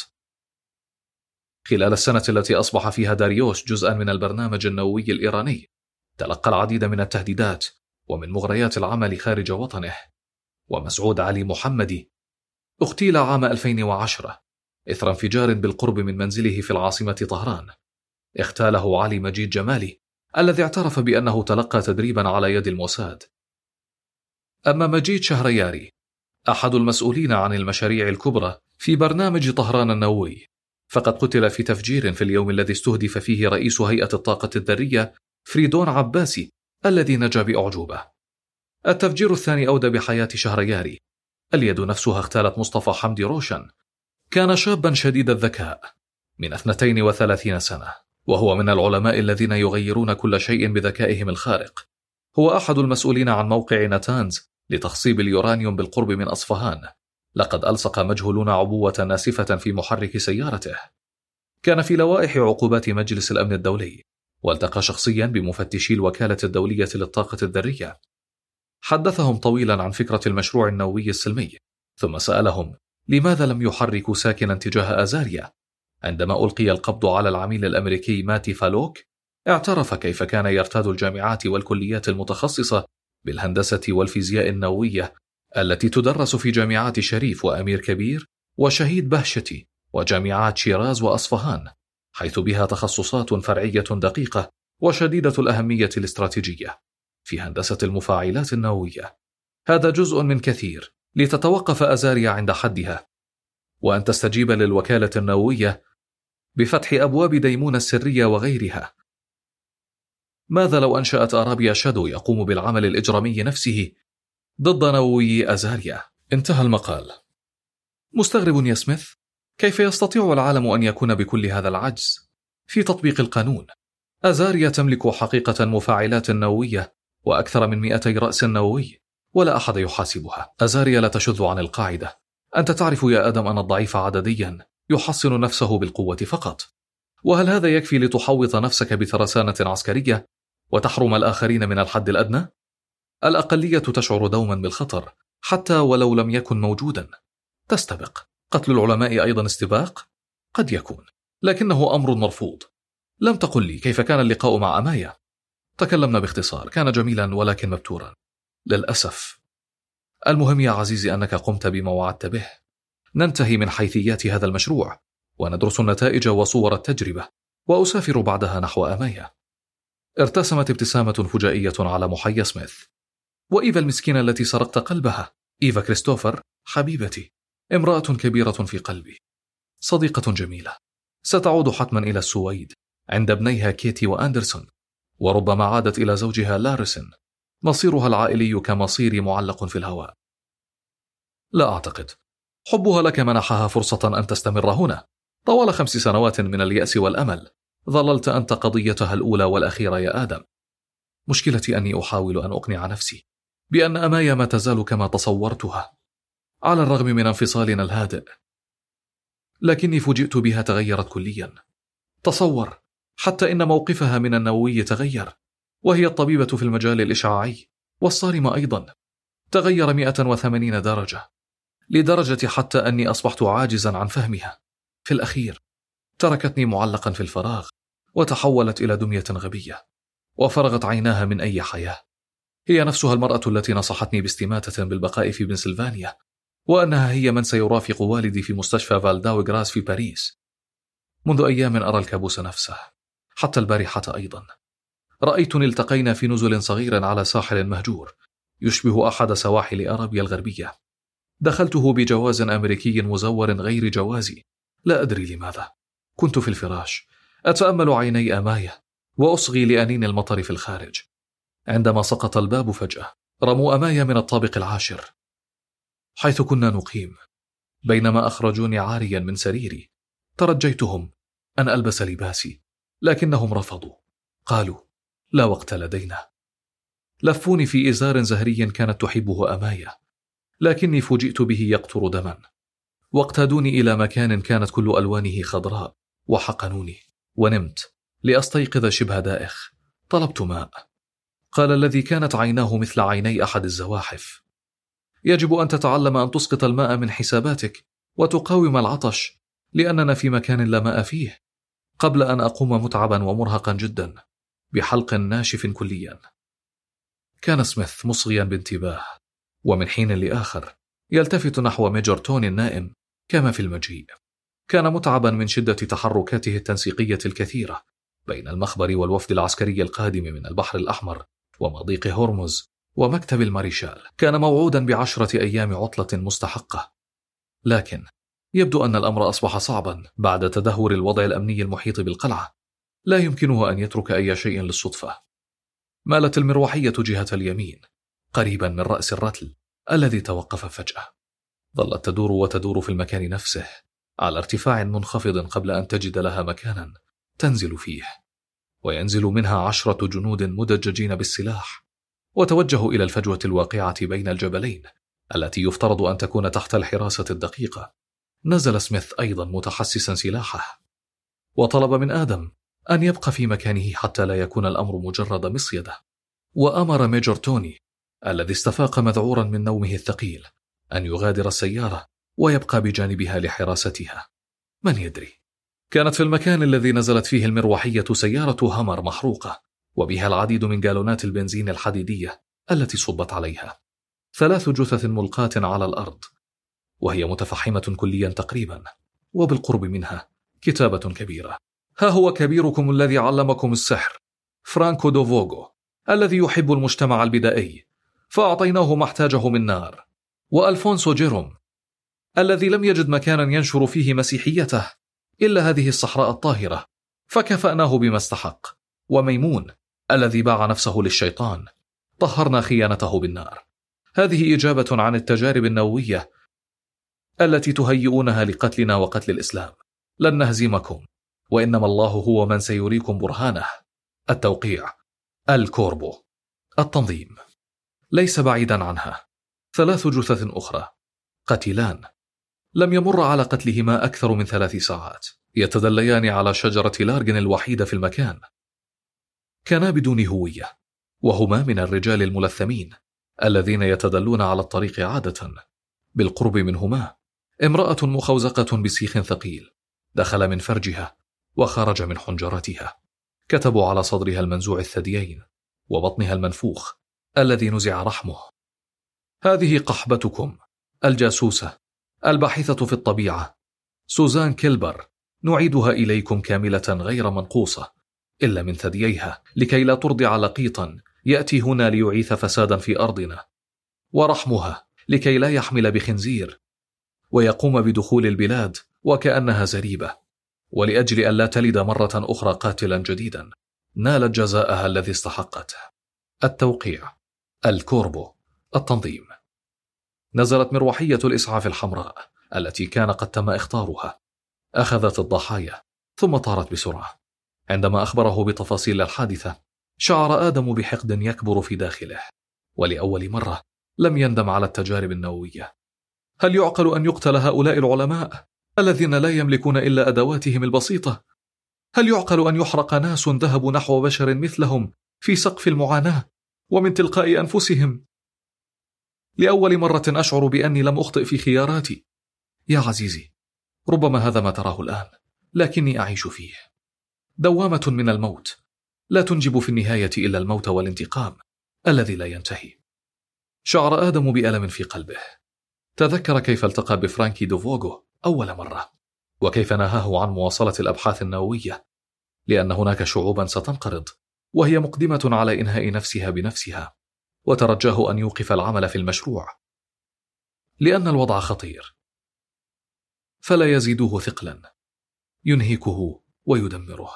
خلال السنة التي أصبح فيها داريوش جزءا من البرنامج النووي الإيراني تلقى العديد من التهديدات ومن مغريات العمل خارج وطنه. ومسعود علي محمدي اغتيل عام ألفين وعشرة إثر انفجار بالقرب من منزله في العاصمة طهران. اغتاله علي مجيد جمالي الذي اعترف بأنه تلقى تدريبا على يد الموساد. أما مجيد شهرياري أحد المسؤولين عن المشاريع الكبرى في برنامج طهران النووي، فقد قتل في تفجير في اليوم الذي استهدف فيه رئيس هيئة الطاقة الذرية فريدون عباسي الذي نجا بأعجوبة. التفجير الثاني أودى بحياة شهرياري. اليد نفسها اغتالت مصطفى حمدي روشن. كان شابا شديد الذكاء من اثنتين وثلاثين سنة، وهو من العلماء الذين يغيرون كل شيء بذكائهم الخارق. هو أحد المسؤولين عن موقع ناتانز لتخصيب اليورانيوم بالقرب من أصفهان. لقد ألصق مجهولون عبوة ناسفة في محرك سيارته. كان في لوائح عقوبات مجلس الأمن الدولي، والتقى شخصيا بمفتشي الوكالة الدولية للطاقة الذرية. حدثهم طويلا عن فكرة المشروع النووي السلمي، ثم سألهم لماذا لم يحركوا ساكنا تجاه أزاريا. عندما ألقي القبض على العميل الأمريكي ماتي فالوك، اعترف كيف كان يرتاد الجامعات والكليات المتخصصة بالهندسة والفيزياء النووية التي تدرس في جامعات شريف وأمير كبير وشهيد بهشتي وجامعات شيراز وأصفهان، حيث بها تخصصات فرعية دقيقة وشديدة الأهمية الاستراتيجية في هندسة المفاعلات النووية. هذا جزء من كثير لتتوقف أزاريا عند حدها، وأن تستجيب للوكالة النووية بفتح أبواب ديمون السرية وغيرها. ماذا لو أنشأت أرابيا شادو يقوم بالعمل الإجرامي نفسه ضد نووي أزاريا؟ انتهى المقال. مستغرب يا سميث، كيف يستطيع العالم أن يكون بكل هذا العجز في تطبيق القانون؟ أزاريا تملك حقيقة مفاعلات نووية وأكثر من مئتي رأس نووي، ولا أحد يحاسبها. أزاريا لا تشذ عن القاعدة. أنت تعرف يا آدم أن الضعيف عدديا يحصن نفسه بالقوة فقط. وهل هذا يكفي لتحوط نفسك بترسانة عسكرية وتحرم الآخرين من الحد الأدنى؟ الأقلية تشعر دوما بالخطر حتى ولو لم يكن موجودا. تستبق. قتل العلماء أيضا استباق؟ قد يكون، لكنه أمر مرفوض. لم تقل لي كيف كان اللقاء مع أمايا. تكلمنا باختصار، كان جميلا ولكن مبتورا للأسف. المهم يا عزيزي أنك قمت بما وعدت به. ننتهي من حيثيات هذا المشروع وندرس النتائج وصور التجربة، وأسافر بعدها نحو أمايا. ارتسمت ابتسامة فجائية على محيا سميث. وإيفا المسكينة التي سرقت قلبها، إيفا كريستوفر حبيبتي، امرأة كبيرة في قلبي، صديقة جميلة، ستعود حتما إلى السويد عند ابنيها كيتي وأندرسون، وربما عادت إلى زوجها لارسن. مصيرها العائلي كمصيري معلق في الهواء. لا أعتقد. حبها لك منحها فرصة أن تستمر هنا طوال خمس سنوات من اليأس والأمل. ظللت أنت قضيتها الأولى والأخيرة يا آدم. مشكلتي أني أحاول أن أقنع نفسي بأن أمايا ما تزال كما تصورتها على الرغم من انفصالنا الهادئ، لكني فوجئت بها تغيرت كليا. تصور، حتى إن موقفها من النووي تغير، وهي الطبيبة في المجال الإشعاعي والصارمة أيضا. تغير مئة وثمانين درجة، لدرجة حتى أني أصبحت عاجزا عن فهمها. في الأخير تركتني معلقا في الفراغ، وتحولت إلى دمية غبية، وفرغت عيناها من أي حياة. هي نفسها المرأة التي نصحتني باستماتة بالبقاء في بنسلفانيا، وأنها هي من سيرافق والدي في مستشفى فالداو غراس في باريس. منذ أيام أرى الكابوس نفسه، حتى البارحة أيضا. رأيتني التقينا في نزل صغير على ساحل مهجور يشبه أحد سواحل أرابيا الغربية. دخلته بجواز أمريكي مزور غير جوازي، لا أدري لماذا. كنت في الفراش أتأمل عيني أمايا وأصغي لأنين المطر في الخارج. عندما سقط الباب فجأة، رموا أمايا من الطابق العاشر حيث كنا نقيم. بينما أخرجوني عاريا من سريري، ترجيتهم أن ألبس لباسي، لكنهم رفضوا. قالوا لا وقت لدينا. لفوني في إزار زهري كانت تحبه أمايا، لكني فوجئت به يقطر دما. واقتادوني إلى مكان كانت كل ألوانه خضراء، وحقنوني، ونمت لأستيقظ شبه دائخ. طلبت ماء. قال الذي كانت عيناه مثل عيني أحد الزواحف: يجب أن تتعلم أن تسقط الماء من حساباتك وتقاوم العطش، لأننا في مكان لا ماء فيه. قبل أن أقوم متعبا ومرهقا جدا بحلق ناشف كليا. كان سميث مصغيا بانتباه، ومن حين لآخر يلتفت نحو ميجور توني النائم كما في المجيء. كان متعبا من شدة تحركاته التنسيقية الكثيرة بين المخبر والوفد العسكري القادم من البحر الأحمر ومضيق هرمز ومكتب الماريشال. كان موعودا بعشرة أيام عطلة مستحقة، لكن يبدو أن الأمر أصبح صعبا بعد تدهور الوضع الأمني المحيط بالقلعة. لا يمكنه أن يترك أي شيء للصدفة. مالت المروحية جهة اليمين قريبا من رأس الرتل الذي توقف فجأة. ظلت تدور وتدور في المكان نفسه على ارتفاع منخفض قبل أن تجد لها مكانا تنزل فيه، وينزل منها عشرة جنود مدججين بالسلاح، وتوجهوا إلى الفجوة الواقعة بين الجبلين التي يفترض أن تكون تحت الحراسة الدقيقة. نزل سميث أيضا متحسسا سلاحه، وطلب من آدم أن يبقى في مكانه حتى لا يكون الأمر مجرد مصيدة. وأمر ميجور توني الذي استفاق مذعورا من نومه الثقيل أن يغادر السيارة ويبقى بجانبها لحراستها. من يدري، كانت في المكان الذي نزلت فيه المروحية سيارة هامر محروقة، وبها العديد من جالونات البنزين الحديدية التي صبت عليها. ثلاث جثث ملقاة على الأرض، وهي متفحمة كليا تقريبا، وبالقرب منها كتابة كبيرة: ها هو كبيركم الذي علمكم السحر، فرانكو دوفوغو، الذي يحب المجتمع البدائي فأعطيناه ما احتاجه من نار، وألفونسو جيروم الذي لم يجد مكانا ينشر فيه مسيحيته إلا هذه الصحراء الطاهرة فكفأناه بما استحق، وميمون الذي باع نفسه للشيطان طهرنا خيانته بالنار. هذه إجابة عن التجارب النووية التي تهيئونها لقتلنا وقتل الإسلام. لن نهزمكم، وإنما الله هو من سيريكم برهانه. التوقيع: الكوربو. التنظيم. ليس بعيدا عنها ثلاث جثث أخرى، قتيلان لم يمر على قتلهما أكثر من ثلاث ساعات، يتدليان على شجرة لارجن الوحيدة في المكان. كانا بدون هوية، وهما من الرجال الملثمين الذين يتدلون على الطريق عادة. بالقرب منهما امرأة مخوزقة بسيخ ثقيل دخل من فرجها وخرج من حنجرتها. كتبوا على صدرها المنزوع الثديين وبطنها المنفوخ الذي نزع رحمه: هذه قحبتكم الجاسوسة الباحثة في الطبيعة سوزان كيلبر، نعيدها إليكم كاملة غير منقوصة إلا من ثدييها، لكي لا ترضع لقيطا يأتي هنا ليعيث فسادا في أرضنا، ورحمها لكي لا يحمل بخنزير ويقوم بدخول البلاد وكأنها زريبة، ولأجل أن لا تلد مرة أخرى قاتلا جديدا. نالت جزاءها الذي استحقته. التوقيع: الكوربو. التنظيم. نزلت مروحية الإسعاف الحمراء التي كان قد تم اختارها، أخذت الضحايا ثم طارت بسرعة. عندما أخبره بتفاصيل الحادثة شعر آدم بحقد يكبر في داخله، ولأول مرة لم يندم على التجارب النووية. هل يعقل أن يقتل هؤلاء العلماء الذين لا يملكون إلا أدواتهم البسيطة؟ هل يعقل أن يحرق ناس ذهبوا نحو بشر مثلهم في سقف المعاناة ومن تلقاء أنفسهم؟ لأول مرة أشعر بأني لم أخطئ في خياراتي. يا عزيزي، ربما هذا ما تراه الآن، لكني أعيش فيه. دوامة من الموت لا تنجب في النهاية إلا الموت والانتقام الذي لا ينتهي. شعر آدم بألم في قلبه. تذكر كيف التقى بفرانكي دوفوغو أول مرة، وكيف نهاه عن مواصلة الأبحاث النووية لأن هناك شعوبا ستنقرض وهي مقدمة على إنهاء نفسها بنفسها، وترجاه أن يوقف العمل في المشروع لأن الوضع خطير، فلا يزيده ثقلا، ينهكه ويدمره.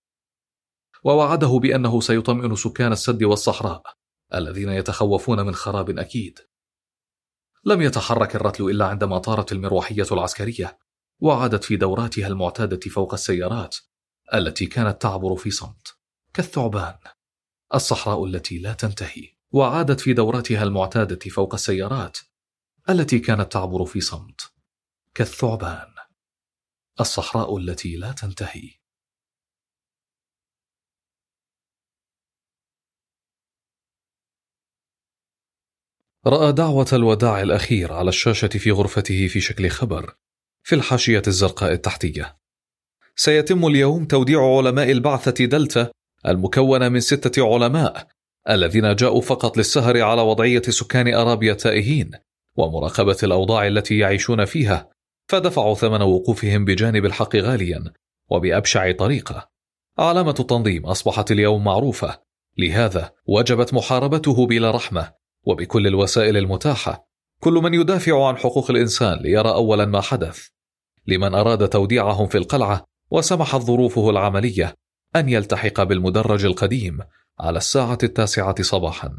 ووعده بأنه سيطمئن سكان السد والصحراء الذين يتخوفون من خراب أكيد. لم يتحرك الرتل إلا عندما طارت المروحية العسكرية وعادت في دوراتها المعتادة فوق السيارات التي كانت تعبر في صمت كالثعبان. الصحراء التي لا تنتهي. وعادت في دوراتها المعتادة فوق السيارات التي كانت تعبر في صمت كالثعبان. الصحراء التي لا تنتهي. رأى دعوة الوداع الأخير على الشاشة في غرفته في شكل خبر في الحاشية الزرقاء التحتية: سيتم اليوم توديع علماء البعثة دلتا المكونة من ستة علماء الذين جاءوا فقط للسهر على وضعية سكان أرابيا التائهين ومراقبة الأوضاع التي يعيشون فيها، فدفعوا ثمن وقوفهم بجانب الحق غاليا وبأبشع طريقة. علامة التنظيم أصبحت اليوم معروفة، لهذا وجبت محاربته بلا رحمة وبكل الوسائل المتاحة. كل من يدافع عن حقوق الإنسان ليرى أولا ما حدث. لمن أراد توديعهم في القلعة، وسمحت ظروفه العملية أن يلتحق بالمدرج القديم على الساعة التاسعة صباحا.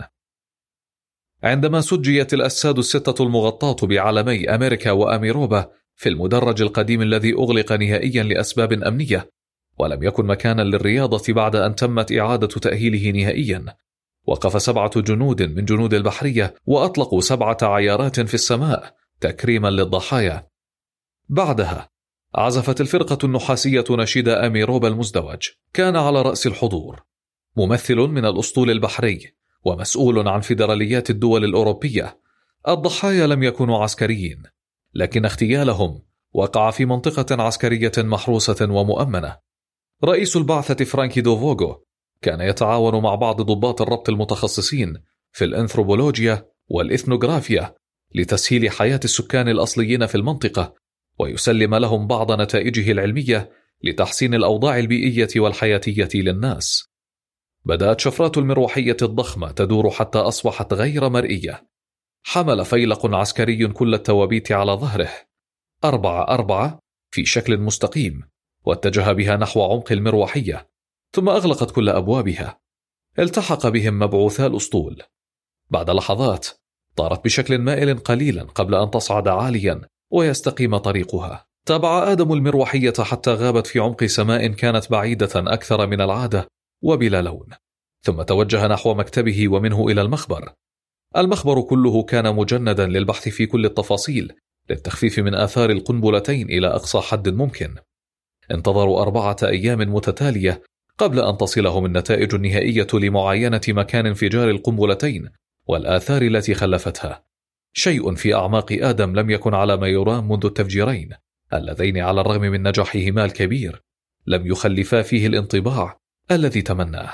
عندما سجيت الأجساد الستة المغطاة بعلمي أمريكا وأميروبا في المدرج القديم الذي أغلق نهائيا لأسباب أمنية، ولم يكن مكانا للرياضة بعد أن تمت إعادة تأهيله نهائيا، وقف سبعة جنود من جنود البحرية وأطلقوا سبعة عيارات في السماء تكريما للضحايا. بعدها عزفت الفرقة النحاسية نشيد أميروبا المزدوج. كان على رأس الحضور ممثل من الأسطول البحري ومسؤول عن فيدراليات الدول الأوروبية. الضحايا لم يكونوا عسكريين، لكن اغتيالهم وقع في منطقة عسكرية محروسة ومؤمنة. رئيس البعثة فرانكي دوفوغو كان يتعاون مع بعض ضباط الربط المتخصصين في الأنثروبولوجيا والإثنوغرافيا لتسهيل حياة السكان الأصليين في المنطقة، ويسلم لهم بعض نتائجه العلمية لتحسين الأوضاع البيئية والحياتية للناس. بدأت شفرات المروحية الضخمة تدور حتى أصبحت غير مرئية. حمل فيلق عسكري كل التوابيت على ظهره أربعة أربعة في شكل مستقيم، واتجه بها نحو عمق المروحية، ثم أغلقت كل أبوابها. التحق بهم مبعوثا الأسطول. بعد لحظات طارت بشكل مائل قليلا قبل أن تصعد عاليا ويستقيم طريقها. تابع آدم المروحية حتى غابت في عمق سماء كانت بعيدة أكثر من العادة وبلا لون، ثم توجه نحو مكتبه ومنه إلى المخبر. المخبر كله كان مجندا للبحث في كل التفاصيل للتخفيف من آثار القنبلتين إلى أقصى حد ممكن. انتظروا أربعة أيام متتالية قبل أن تصلهم النتائج النهائية لمعاينة مكان انفجار القنبلتين والآثار التي خلفتها. شيء في أعماق آدم لم يكن على ما يرام منذ التفجيرين اللذين على الرغم من نجاحهما الكبير لم يخلفا فيه الانطباع الذي تمناه.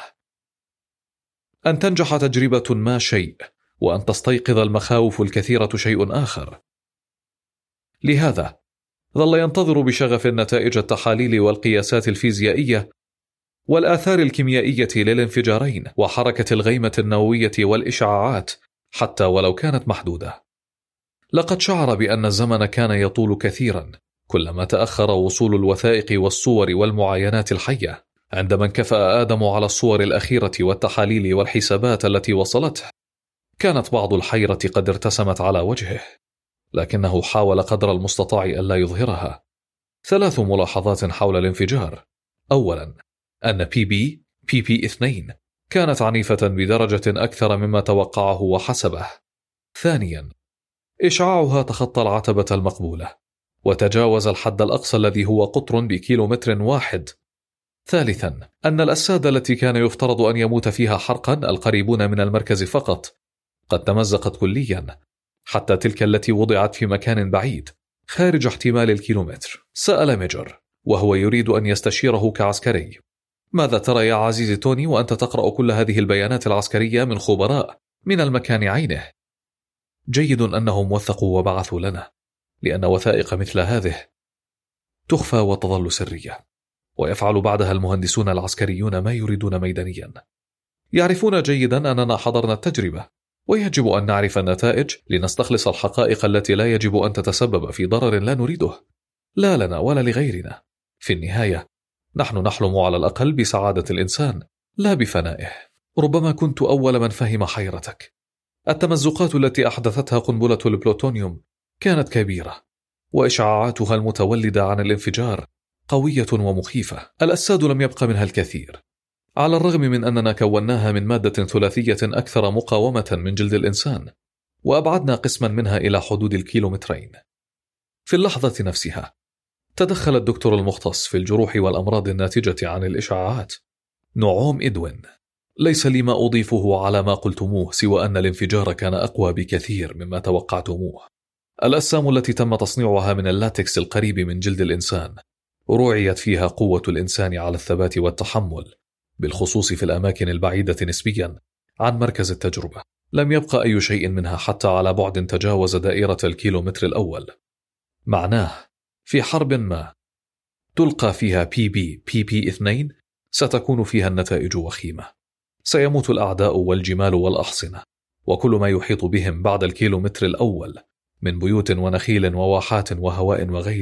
أن تنجح تجربة ما شيء، وأن تستيقظ المخاوف الكثيرة شيء آخر. لهذا ظل ينتظر بشغف نتائج التحاليل والقياسات الفيزيائية والآثار الكيميائية للانفجارين وحركة الغيمة النووية والإشعاعات، حتى ولو كانت محدودة. لقد شعر بأن الزمن كان يطول كثيرا كلما تأخر وصول الوثائق والصور والمعاينات الحية. عندما انكفأ آدم على الصور الأخيرة والتحاليل والحسابات التي وصلته، كانت بعض الحيرة قد ارتسمت على وجهه، لكنه حاول قدر المستطاع ألا يظهرها. ثلاث ملاحظات حول الانفجار. أولا، أن بي بي بي بي اثنين كانت عنيفة بدرجة أكثر مما توقعه وحسبه. ثانيا، إشعاعها تخطى العتبة المقبولة وتجاوز الحد الأقصى الذي هو قطر بكيلومتر واحد. ثالثا، أن الأجساد التي كان يفترض أن يموت فيها حرقا القريبون من المركز فقط قد تمزقت كليا، حتى تلك التي وضعت في مكان بعيد خارج احتمال الكيلومتر. سأل ميجر وهو يريد أن يستشيره كعسكري: ماذا ترى يا عزيزي توني وأنت تقرأ كل هذه البيانات العسكرية من خبراء من المكان عينه؟ جيد أنهم وثقوا وبعثوا لنا، لأن وثائق مثل هذه تخفى وتظل سرية، ويفعل بعدها المهندسون العسكريون ما يريدون ميدانيا. يعرفون جيدا أننا حضرنا التجربة، ويجب أن نعرف النتائج لنستخلص الحقائق التي لا يجب أن تتسبب في ضرر لا نريده، لا لنا ولا لغيرنا. في النهاية نحن نحلم على الأقل بسعادة الإنسان لا بفنائه. ربما كنت أول من فهم حيرتك. التمزقات التي أحدثتها قنبلة البلوتونيوم كانت كبيرة، وإشعاعاتها المتولدة عن الانفجار قوية ومخيفة. الأجساد لم يبق منها الكثير، على الرغم من أننا كوناها من مادة ثلاثية أكثر مقاومة من جلد الإنسان، وأبعدنا قسما منها إلى حدود الكيلومترين. في اللحظة نفسها تدخل الدكتور المختص في الجروح والأمراض الناتجة عن الإشعاعات نعوم إدوين. ليس لي ما أضيفه على ما قلتموه سوى أن الانفجار كان أقوى بكثير مما توقعتموه. الأجسام التي تم تصنيعها من اللاتكس القريب من جلد الإنسان رعيت فيها قوة الإنسان على الثبات والتحمل، بالخصوص في الأماكن البعيدة نسبيا عن مركز التجربة. لم يبقى أي شيء منها حتى على بعد تجاوز دائرة الكيلومتر الأول. معناه في حرب ما تلقى فيها بي بي بي بي اثنين ستكون فيها النتائج وخيمة. سيموت الأعداء والجمال والأحصنة وكل ما يحيط بهم بعد الكيلومتر الأول من بيوت ونخيل وواحات وهواء وغيرها.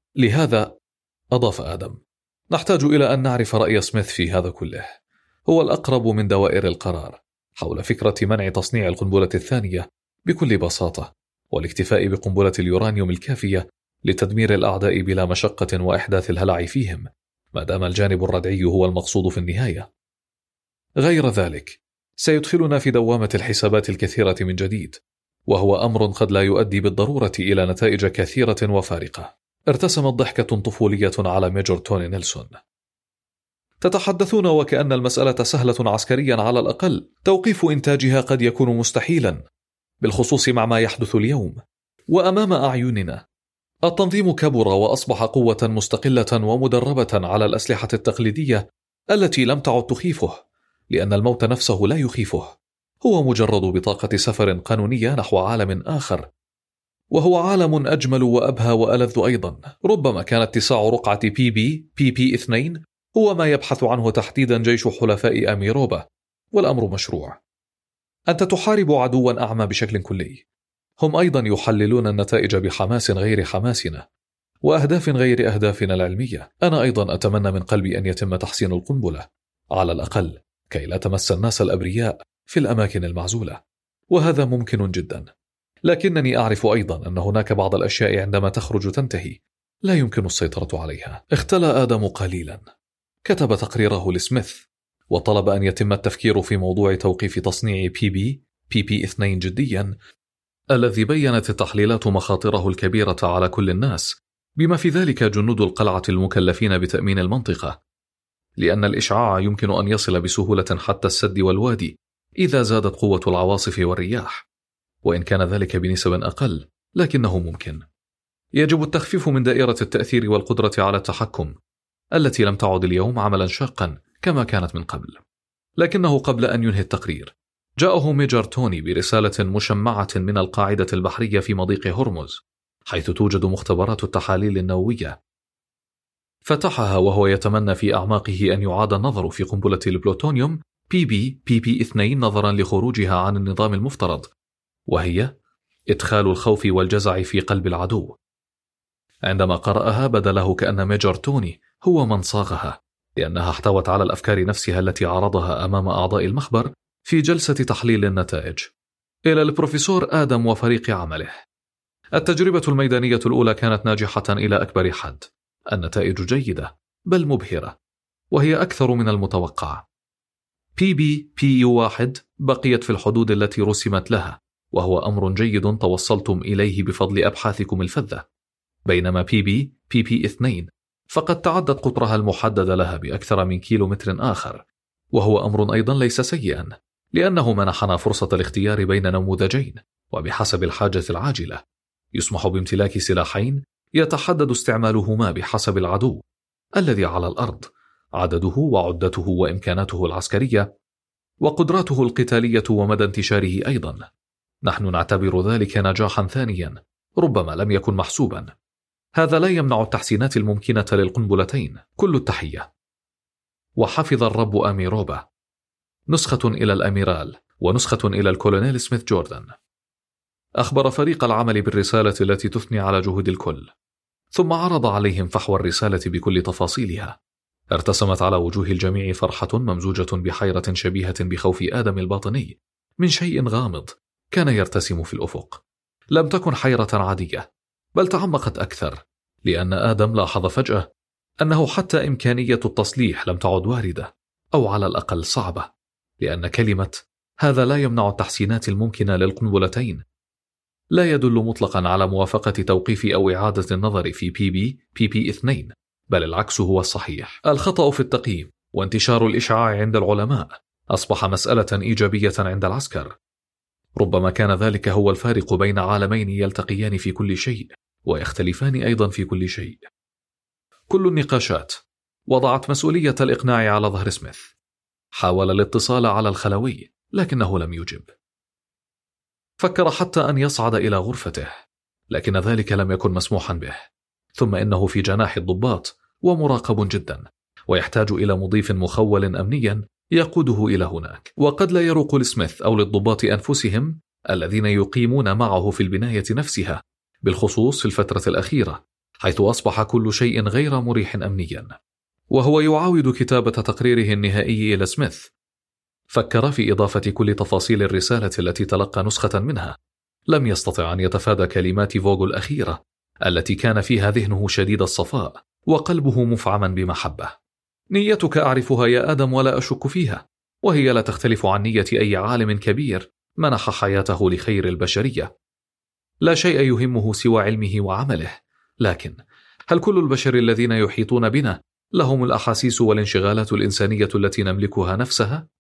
لهذا، أضاف آدم، نحتاج إلى أن نعرف رأي سميث في هذا كله. هو الأقرب من دوائر القرار حول فكرة منع تصنيع القنبلة الثانية بكل بساطة، والاكتفاء بقنبلة اليورانيوم الكافية لتدمير الأعداء بلا مشقة وإحداث الهلع فيهم، ما دام الجانب الردعي هو المقصود في النهاية. غير ذلك سيدخلنا في دوامة الحسابات الكثيرة من جديد، وهو أمر قد لا يؤدي بالضرورة إلى نتائج كثيرة وفارقة. ارتسمت ضحكة طفولية على ميجور توني نيلسون. تتحدثون وكأن المسألة سهلة عسكريا على الأقل، توقيف إنتاجها قد يكون مستحيلا، بالخصوص مع ما يحدث اليوم وأمام أعيننا. التنظيم كبر وأصبح قوة مستقلة ومدربة على الأسلحة التقليدية التي لم تعد تخيفه، لأن الموت نفسه لا يخيفه، هو مجرد بطاقة سفر قانونية نحو عالم آخر، وهو عالم أجمل وأبهى وألذ أيضا. ربما كان اتساع رقعة بي بي بي بي اثنين هو ما يبحث عنه تحديدا جيش حلفاء أميروبا، والأمر مشروع. أنت تحارب عدوا أعمى بشكل كلي. هم أيضا يحللون النتائج بحماس غير حماسنا وأهداف غير أهدافنا العلمية. أنا أيضا أتمنى من قلبي أن يتم تحسين القنبلة، على الأقل كي لا تمس الناس الأبرياء في الأماكن المعزولة، وهذا ممكن جدا. لكنني أعرف أيضا أن هناك بعض الأشياء عندما تخرج تنتهي لا يمكن السيطرة عليها. اختلى آدم قليلا، كتب تقريره لسميث، وطلب أن يتم التفكير في موضوع توقيف تصنيع بي بي بي بي اثنين جديا، الذي بيّنت التحليلات مخاطره الكبيرة على كل الناس، بما في ذلك جنود القلعة المكلفين بتأمين المنطقة، لأن الإشعاع يمكن أن يصل بسهولة حتى السد والوادي إذا زادت قوة العواصف والرياح، وإن كان ذلك بنسب أقل لكنه ممكن. يجب التخفيف من دائرة التأثير والقدرة على التحكم التي لم تعد اليوم عملا شاقا كما كانت من قبل. لكنه قبل أن ينهي التقرير جاءه ميجر توني برسالة مشمعة من القاعدة البحرية في مضيق هرمز، حيث توجد مختبرات التحاليل النووية. فتحها وهو يتمنى في أعماقه أن يعاد النظر في قنبلة البلوتونيوم بي بي بي بي اثنين نظرا لخروجها عن النظام المفترض، وهي إدخال الخوف والجزع في قلب العدو. عندما قرأها بدا له كأن ميجر توني هو من صاغها، لأنها احتوت على الأفكار نفسها التي عرضها أمام أعضاء المخبر في جلسة تحليل النتائج. إلى البروفيسور آدم وفريق عمله، التجربة الميدانية الأولى كانت ناجحة إلى أكبر حد، النتائج جيدة بل مبهرة، وهي أكثر من المتوقع. بي بي بي يو واحد بقيت في الحدود التي رسمت لها، وهو أمر جيد توصلتم إليه بفضل أبحاثكم الفذة، بينما بي بي بي بي اثنين فقد تعدت قطرها المحدد لها بأكثر من كيلومتر آخر، وهو أمر أيضا ليس سيئا، لأنه منحنا فرصة الاختيار بين نموذجين، وبحسب الحاجة العاجلة يسمح بامتلاك سلاحين يتحدد استعمالهما بحسب العدو الذي على الأرض، عدده وعدته وإمكاناته العسكرية وقدراته القتالية ومدى انتشاره أيضا. نحن نعتبر ذلك نجاحا ثانيا ربما لم يكن محسوبا. هذا لا يمنع التحسينات الممكنة للقنبلتين. كل التحية. وحفظ الرب أميروبا. نسخة إلى الأميرال ونسخة إلى الكولونيل سميث جوردن. أخبر فريق العمل بالرسالة التي تثني على جهود الكل، ثم عرض عليهم فحوى الرسالة بكل تفاصيلها. ارتسمت على وجوه الجميع فرحة ممزوجة بحيرة شبيهة بخوف آدم الباطني من شيء غامض كان يرتسم في الأفق. لم تكن حيرة عادية، بل تعمقت أكثر، لأن آدم لاحظ فجأة أنه حتى إمكانية التصليح لم تعد واردة، أو على الأقل صعبة، لأن كلمة هذا لا يمنع التحسينات الممكنة للقنبلتين لا يدل مطلقا على موافقة توقيف أو إعادة النظر في بي بي بي بي اثنين، بل العكس هو الصحيح. الخطأ في التقييم وانتشار الإشعاع عند العلماء أصبح مسألة إيجابية عند العسكر. ربما كان ذلك هو الفارق بين عالمين يلتقيان في كل شيء ويختلفان أيضا في كل شيء. كل النقاشات وضعت مسؤولية الإقناع على ظهر سميث. حاول الاتصال على الخلوي لكنه لم يجب. فكر حتى أن يصعد إلى غرفته، لكن ذلك لم يكن مسموحا به. ثم إنه في جناح الضباط ومراقب جدا، ويحتاج إلى مضيف مخول أمنيا يقوده إلى هناك. وقد لا يروق لسميث أو للضباط أنفسهم الذين يقيمون معه في البناية نفسها، بالخصوص في الفترة الأخيرة، حيث أصبح كل شيء غير مريح أمنيا. وهو يعاود كتابة تقريره النهائي إلى سميث، فكر في إضافة كل تفاصيل الرسالة التي تلقى نسخة منها. لم يستطع أن يتفادى كلمات فوغو الأخيرة التي كان فيها ذهنه شديد الصفاء وقلبه مفعما بمحبة. نيتك أعرفها يا آدم ولا أشك فيها، وهي لا تختلف عن نية أي عالم كبير منح حياته لخير البشرية. لا شيء يهمه سوى علمه وعمله، لكن هل كل البشر الذين يحيطون بنا لهم الأحاسيس والانشغالات الإنسانية التي نملكها نفسها؟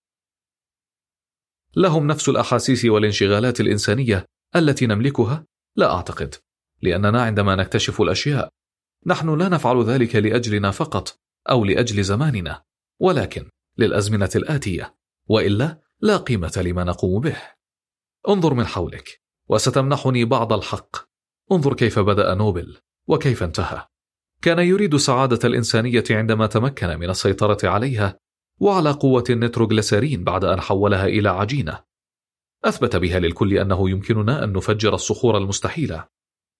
لهم نفس الأحاسيس والانشغالات الإنسانية التي نملكها؟ لا أعتقد، لأننا عندما نكتشف الأشياء نحن لا نفعل ذلك لأجلنا فقط أو لأجل زماننا، ولكن للأزمنة الآتية، وإلا لا قيمة لما نقوم به. انظر من حولك وستمنحني بعض الحق. انظر كيف بدأ نوبل وكيف انتهى. كان يريد سعادة الإنسانية عندما تمكن من السيطرة عليها وعلى قوة النيتروغليسيرين بعد أن حولها إلى عجينة أثبت بها للكل أنه يمكننا أن نفجر الصخور المستحيلة،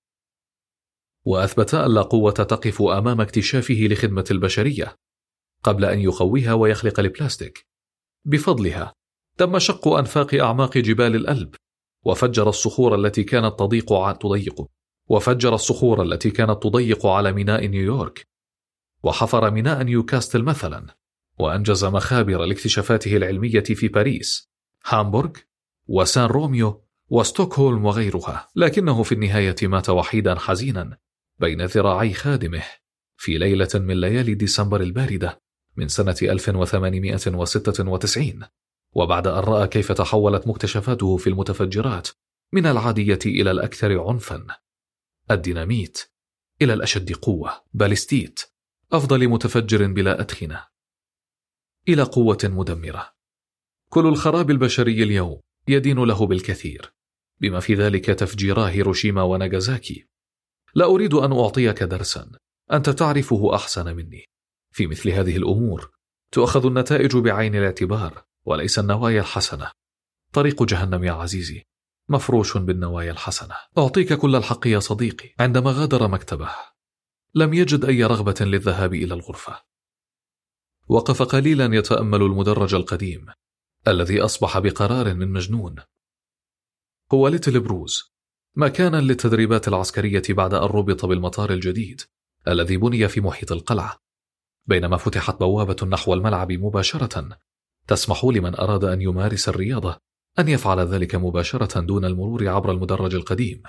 وأثبت أن لا قوة تقف أمام اكتشافه لخدمة البشرية قبل أن يقويها ويخلق البلاستيك. بفضلها تم شق أنفاق أعماق جبال الألب، وفجر الصخور التي كانت تضيق تضيق وفجر الصخور التي كانت تضيق على ميناء نيويورك، وحفر ميناء نيوكاستل مثلا، وأنجز مخابر لاكتشافاته العلمية في باريس، هامبورغ، وسان روميو، وستوكهولم وغيرها. لكنه في النهاية مات وحيدا حزينا بين ذراعي خادمه في ليلة من ليالي ديسمبر الباردة من سنة ألف وثمانمائة وستة وتسعين، وبعد أن رأى كيف تحولت مكتشفاته في المتفجرات من العادية إلى الأكثر عنفا، الديناميت، إلى الأشد قوة، باليستيت، أفضل متفجر بلا أدخنة، إلى قوة مدمرة. كل الخراب البشري اليوم يدين له بالكثير، بما في ذلك تفجيرا هيروشيما وناغازاكي. لا أريد أن أعطيك درسا، أنت تعرفه أحسن مني. في مثل هذه الأمور تؤخذ النتائج بعين الاعتبار وليس النوايا الحسنة. طريق جهنم يا عزيزي مفروش بالنوايا الحسنة. أعطيك كل الحق يا صديقي. عندما غادر مكتبه لم يجد أي رغبة للذهاب إلى الغرفة. وقف قليلا يتأمل المدرج القديم الذي أصبح بقرار من مجنون. هو ليتل بروز، مكانا للتدريبات العسكرية بعد أن ربط بالمطار الجديد الذي بني في محيط القلعة. بينما فتحت بوابة نحو الملعب مباشرة تسمح لمن أراد أن يمارس الرياضة أن يفعل ذلك مباشرة دون المرور عبر المدرج القديم.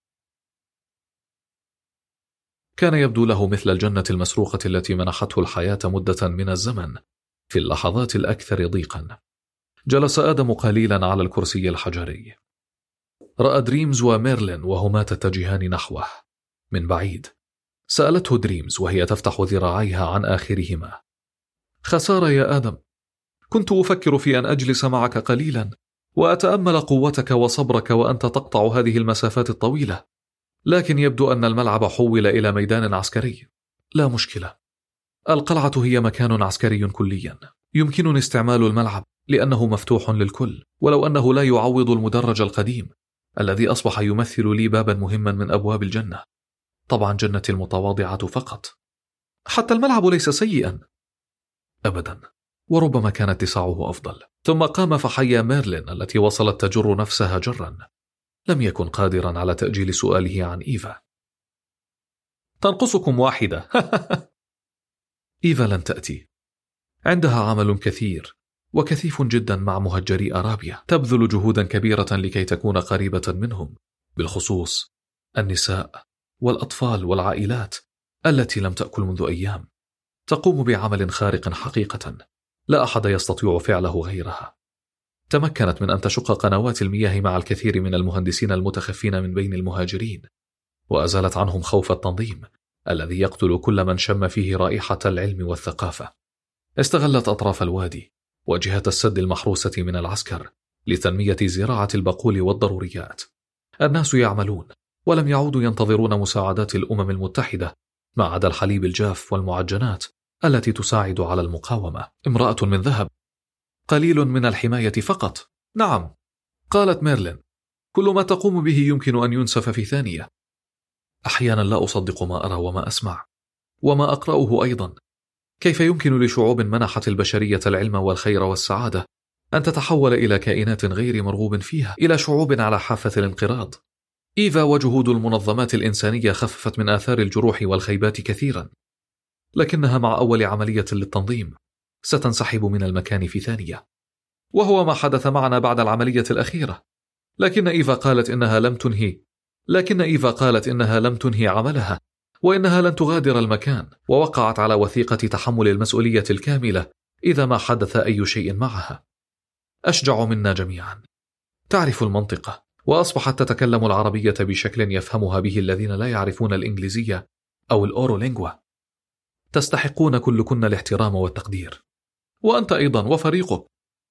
كان يبدو له مثل الجنة المسروقة التي منحته الحياة مدة من الزمن في اللحظات الأكثر ضيقا. جلس آدم قليلا على الكرسي الحجري. رأى دريمز وميرلين وهما تتجهان نحوه من بعيد. سألته دريمز وهي تفتح ذراعيها عن آخرهما: خسارة يا آدم، كنت أفكر في أن أجلس معك قليلا وأتأمل قوتك وصبرك وأنت تقطع هذه المسافات الطويلة، لكن يبدو أن الملعب حول إلى ميدان عسكري. لا مشكلة، القلعة هي مكان عسكري كليا، يمكنني استعمال الملعب لأنه مفتوح للكل، ولو أنه لا يعوض المدرج القديم الذي أصبح يمثل لي بابا مهما من أبواب الجنة. طبعا جنتي المتواضعة فقط. حتى الملعب ليس سيئا أبدا، وربما كان اتساعه أفضل. ثم قام فحيا ميرلين التي وصلت تجر نفسها جرا. لم يكن قادرا على تأجيل سؤاله عن إيفا. تنقصكم واحدة. إيفا لن تأتي، عندها عمل كثير وكثيف جدا مع مهجري أرابيا، تبذل جهودا كبيرة لكي تكون قريبة منهم، بالخصوص النساء والأطفال والعائلات التي لم تأكل منذ أيام. تقوم بعمل خارق حقيقة لا أحد يستطيع فعله غيرها. تمكنت من أن تشق قنوات المياه مع الكثير من المهندسين المتخفين من بين المهاجرين، وأزالت عنهم خوف التنظيم الذي يقتل كل من شم فيه رائحة العلم والثقافة. استغلت أطراف الوادي وجهة السد المحروسة من العسكر لتنمية زراعة البقول والضروريات. الناس يعملون ولم يعودوا ينتظرون مساعدات الأمم المتحدة، ما عدا الحليب الجاف والمعجنات التي تساعد على المقاومة. امرأة من ذهب، قليل من الحماية فقط. نعم، قالت ميرلين، كل ما تقوم به يمكن أن ينسف في ثانية. أحيانا لا أصدق ما أرى وما أسمع وما أقرأه أيضا. كيف يمكن لشعوب منحت البشرية العلم والخير والسعادة أن تتحول إلى كائنات غير مرغوب فيها، إلى شعوب على حافة الانقراض؟ إيفا وجهود المنظمات الإنسانية خففت من آثار الجروح والخيبات كثيرا، لكنها مع أول عملية للتنظيم ستنسحب من المكان في ثانية، وهو ما حدث معنا بعد العملية الأخيرة. لكن إيفا قالت إنها لم تنهي لكن إيفا قالت إنها لم تنهي عملها، وإنها لن تغادر المكان، ووقعت على وثيقة تحمل المسؤولية الكاملة إذا ما حدث أي شيء معها. أشجع منا جميعا. تعرف المنطقة، وأصبحت تتكلم العربية بشكل يفهمها به الذين لا يعرفون الإنجليزية أو الأورولينغوا. تستحقون كلكن الاحترام والتقدير، وأنت أيضا وفريقك.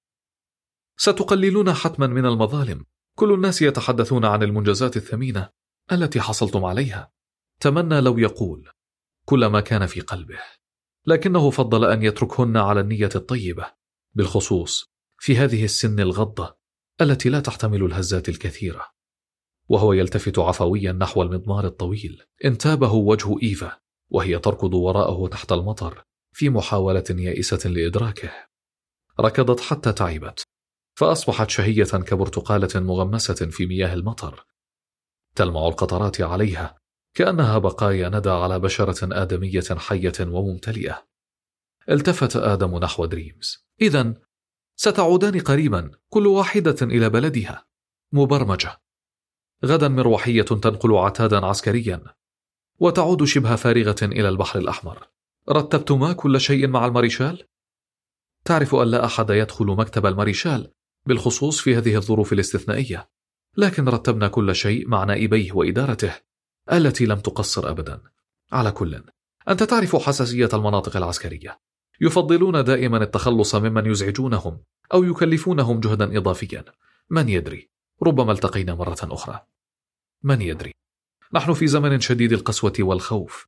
ستقللون حتما من المظالم. كل الناس يتحدثون عن المنجزات الثمينة التي حصلتم عليها. تمنى لو يقول كل ما كان في قلبه، لكنه فضل أن يتركهن على النية الطيبة، بالخصوص في هذه السن الغضة التي لا تحتمل الهزات الكثيرة. وهو يلتفت عفويا نحو المضمار الطويل، انتابه وجه إيفا وهي تركض وراءه تحت المطر في محاولة يائسة لإدراكه. ركضت حتى تعبت، فأصبحت شهية كبرتقالة مغمسة في مياه المطر، تلمع القطرات عليها كأنها بقايا ندى على بشرة آدمية حية وممتلئة. التفت آدم نحو دريمز. إذن ستعودان قريبا كل واحدة إلى بلدها، مبرمجة. غدا مروحية تنقل عتادا عسكريا، وتعود شبه فارغة إلى البحر الأحمر. رتبتما كل شيء مع الماريشال؟ تعرف أن لا أحد يدخل مكتب الماريشال بالخصوص في هذه الظروف الاستثنائية، لكن رتبنا كل شيء مع نائبيه وإدارته التي لم تقصر أبدا. على كل، أنت تعرف حساسية المناطق العسكرية. يفضلون دائما التخلص ممن يزعجونهم أو يكلفونهم جهدا إضافيا. من يدري، ربما التقينا مرة أخرى. من يدري، نحن في زمن شديد القسوة والخوف.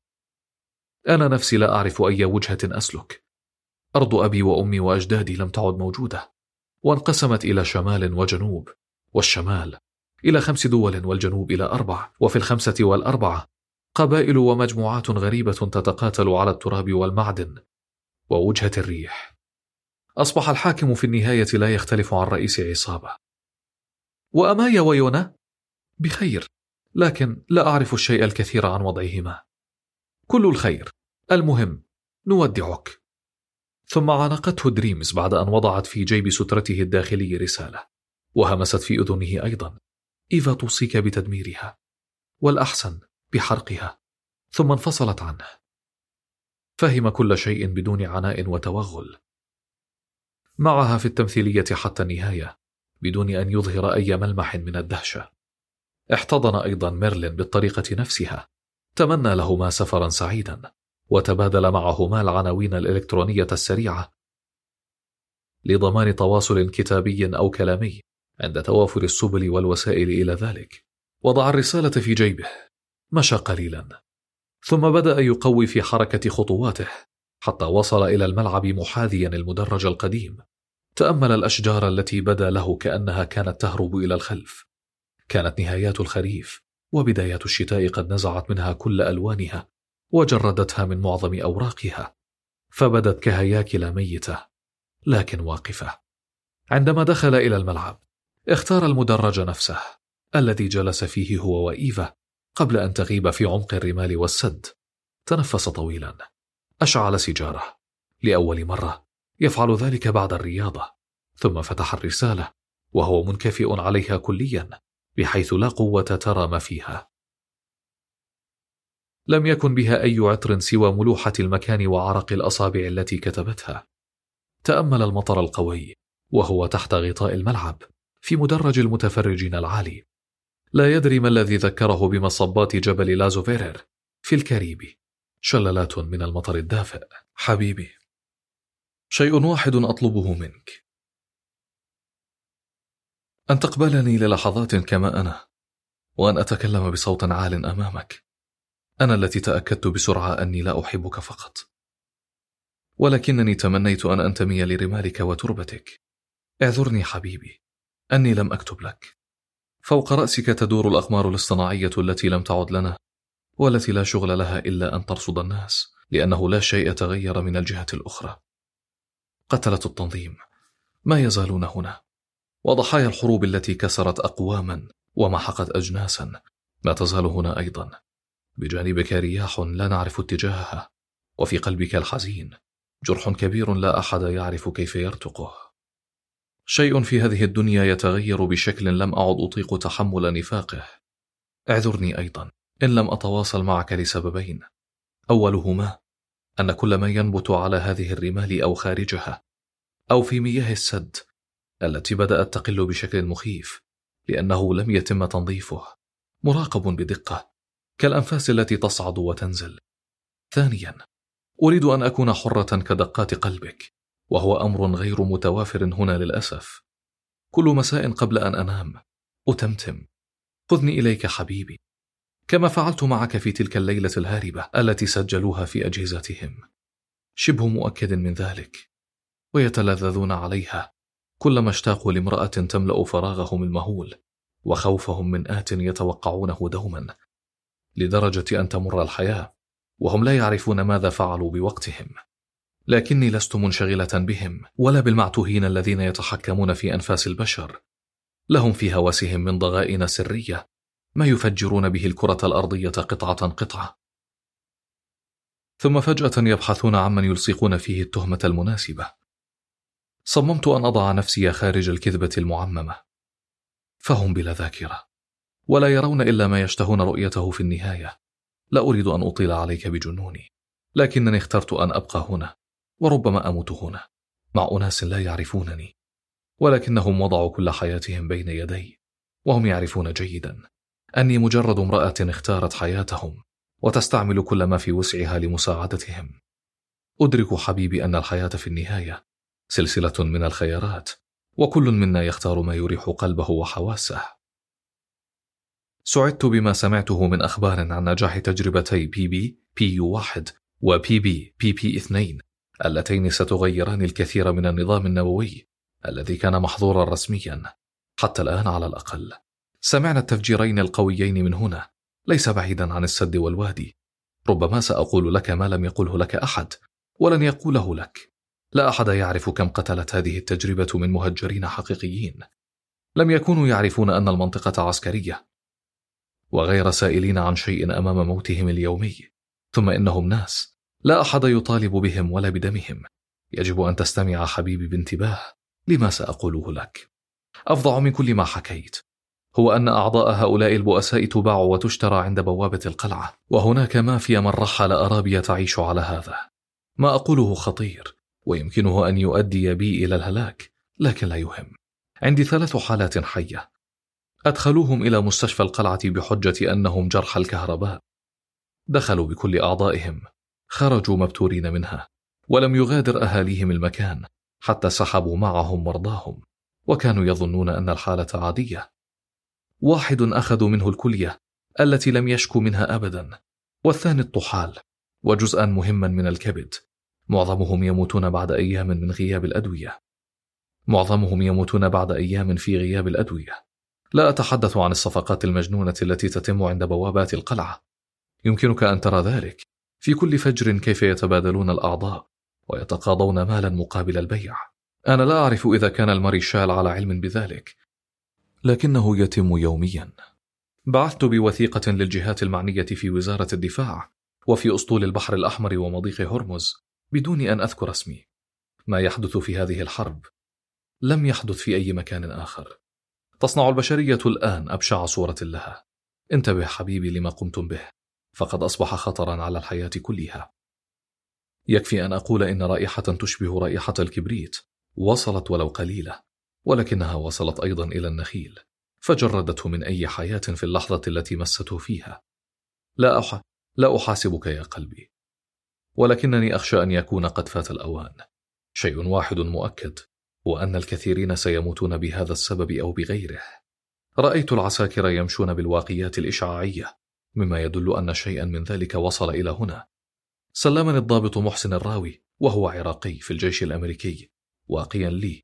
أنا نفسي لا أعرف أي وجهة أسلك. أرض أبي وأمي وأجدادي لم تعد موجودة، وانقسمت إلى شمال وجنوب، والشمال إلى خمس دول والجنوب إلى أربع، وفي الخمسة والأربعة قبائل ومجموعات غريبة تتقاتل على التراب والمعدن ووجهة الريح. أصبح الحاكم في النهاية لا يختلف عن رئيس عصابة. وأمايا ويونا بخير، لكن لا أعرف الشيء الكثير عن وضعهما. كل الخير. المهم، نودعك. ثم عانقته دريمز بعد أن وضعت في جيب سترته الداخلي رسالة، وهمست في أذنه أيضا: إيفا توصيك بتدميرها، والأحسن بحرقها. ثم انفصلت عنه. فهم كل شيء بدون عناء وتوغل، معها في التمثيلية حتى النهاية بدون أن يظهر أي ملمح من الدهشة. احتضن أيضا ميرلين بالطريقة نفسها، تمنى لهما سفرا سعيدا، وتبادل معهما العناوين الإلكترونية السريعة لضمان تواصل كتابي أو كلامي عند توافر السبل والوسائل إلى ذلك. وضع الرسالة في جيبه، مشى قليلا، ثم بدأ يقوي في حركة خطواته حتى وصل إلى الملعب محاذيا المدرج القديم. تأمل الأشجار التي بدا له كأنها كانت تهرب إلى الخلف. كانت نهايات الخريف وبدايات الشتاء قد نزعت منها كل ألوانها وجردتها من معظم أوراقها، فبدت كهياكل ميتة لكن واقفة. عندما دخل إلى الملعب اختار المدرج نفسه الذي جلس فيه هو وإيفا قبل أن تغيب في عمق الرمال والسد. تنفس طويلا، أشعل سيجارة، لأول مرة يفعل ذلك بعد الرياضة، ثم فتح الرسالة وهو منكفئ عليها كليا بحيث لا قوة ترى ما فيها. لم يكن بها أي عطر سوى ملوحة المكان وعرق الأصابع التي كتبتها. تأمل المطر القوي وهو تحت غطاء الملعب في مدرج المتفرجين العالي. لا يدري ما الذي ذكره بمصبات جبل لازوفيرر في الكاريبي، شلالات من المطر الدافئ. حبيبي، شيء واحد أطلبه منك، أن تقبلني للحظات كما أنا، وأن أتكلم بصوت عال أمامك. أنا التي تأكدت بسرعة أني لا أحبك فقط، ولكنني تمنيت أن أنتمي لرمالك وتربتك. اعذرني حبيبي أني لم أكتب لك. فوق رأسك تدور الأقمار الاصطناعية التي لم تعد لنا والتي لا شغل لها إلا أن ترصد الناس، لأنه لا شيء تغير من الجهة الأخرى. قتلة التنظيم ما يزالون هنا، وضحايا الحروب التي كسرت أقواما ومحقت أجناسا ما تزال هنا أيضا. بجانبك رياح لا نعرف اتجاهها، وفي قلبك الحزين جرح كبير لا أحد يعرف كيف يرتقه. شيء في هذه الدنيا يتغير بشكل لم أعد أطيق تحمل نفاقه. اعذرني أيضا إن لم أتواصل معك لسببين، أولهما أن كل ما ينبت على هذه الرمال أو خارجها أو في مياه السد التي بدأت تقل بشكل مخيف لأنه لم يتم تنظيفه مراقب بدقة كالأنفاس التي تصعد وتنزل. ثانيا، أريد أن أكون حرة كدقات قلبك، وهو أمر غير متوافر هنا للأسف. كل مساء قبل أن أنام أتمتم: خذني إليك حبيبي، كما فعلت معك في تلك الليلة الهاربة التي سجلوها في أجهزتهم. شبه مؤكد من ذلك، ويتلذذون عليها كلما اشتاقوا لامرأة تملأ فراغهم المهول وخوفهم من آت يتوقعونه دوما، لدرجة أن تمر الحياة وهم لا يعرفون ماذا فعلوا بوقتهم. لكني لست منشغلة بهم ولا بالمعتوهين الذين يتحكمون في أنفاس البشر. لهم في هواسهم من ضغائن سرية ما يفجرون به الكرة الأرضية قطعة قطعة، ثم فجأة يبحثون عمن يلصقون فيه التهمة المناسبة. صممت أن أضع نفسي خارج الكذبة المعممة، فهم بلا ذاكرة ولا يرون إلا ما يشتهون رؤيته في النهاية. لا أريد أن أطيل عليك بجنوني، لكنني اخترت أن أبقى هنا، وربما أموت هنا مع أناس لا يعرفونني، ولكنهم وضعوا كل حياتهم بين يدي، وهم يعرفون جيدا أني مجرد امرأة اختارت حياتهم وتستعمل كل ما في وسعها لمساعدتهم. أدرك حبيبي أن الحياة في النهاية سلسلة من الخيارات، وكل منا يختار ما يريح قلبه وحواسه. سعدت بما سمعته من أخبار عن نجاح تجربتي بي بي بي يو واحد وبي بي بي بي اثنين اللتين ستغيران الكثير من النظام النووي الذي كان محظورا رسميا حتى الآن على الأقل. سمعنا التفجيرين القويين من هنا، ليس بعيدا عن السد والوادي. ربما سأقول لك ما لم يقله لك أحد ولن يقوله لك. لا أحد يعرف كم قتلت هذه التجربة من مهجرين حقيقيين لم يكونوا يعرفون أن المنطقة عسكرية وغير سائلين عن شيء أمام موتهم اليومي. ثم إنهم ناس لا أحد يطالب بهم ولا بدمهم. يجب أن تستمع حبيبي بانتباه لما سأقوله لك. أفظع من كل ما حكيت هو أن أعضاء هؤلاء البؤساء تباع وتشترى عند بوابة القلعة، وهناك مافيا من رحل أرابيا تعيش على هذا. ما أقوله خطير ويمكنه أن يؤدي بي إلى الهلاك، لكن لا يهم. عندي ثلاث حالات حية أدخلوهم إلى مستشفى القلعة بحجة أنهم جرحى الكهرباء. دخلوا بكل أعضائهم، خرجوا مبتورين منها، ولم يغادر أهاليهم المكان حتى سحبوا معهم مرضاهم، وكانوا يظنون أن الحالة عادية. واحد أخذوا منه الكلية التي لم يشكو منها أبدا، والثاني الطحال وجزءا مهما من الكبد. معظمهم يموتون بعد أيام من غياب الأدوية. معظمهم يموتون بعد أيام في غياب الأدوية. لا أتحدث عن الصفقات المجنونة التي تتم عند بوابات القلعة. يمكنك أن ترى ذلك في كل فجر كيف يتبادلون الأعضاء ويتقاضون مالا مقابل البيع. أنا لا أعرف إذا كان الماريشال على علم بذلك، لكنه يتم يوميا. بعثت بوثيقة للجهات المعنية في وزارة الدفاع وفي أسطول البحر الأحمر ومضيق هرمز بدون أن أذكر اسمي. ما يحدث في هذه الحرب لم يحدث في أي مكان آخر. تصنع البشرية الآن أبشع صورة لها. انتبه حبيبي لما قمتم به، فقد أصبح خطرا على الحياة كلها. يكفي أن أقول إن رائحة تشبه رائحة الكبريت وصلت ولو قليلة، ولكنها وصلت أيضا إلى النخيل فجردته من أي حياة في اللحظة التي مسته فيها. لا أح... لا أحاسبك يا قلبي، ولكنني أخشى أن يكون قد فات الأوان. شيء واحد مؤكد، وأن الكثيرين سيموتون بهذا السبب أو بغيره. رأيت العساكر يمشون بالواقيات الإشعاعية، مما يدل أن شيئا من ذلك وصل إلى هنا. سلمني الضابط محسن الراوي وهو عراقي في الجيش الأمريكي واقيا لي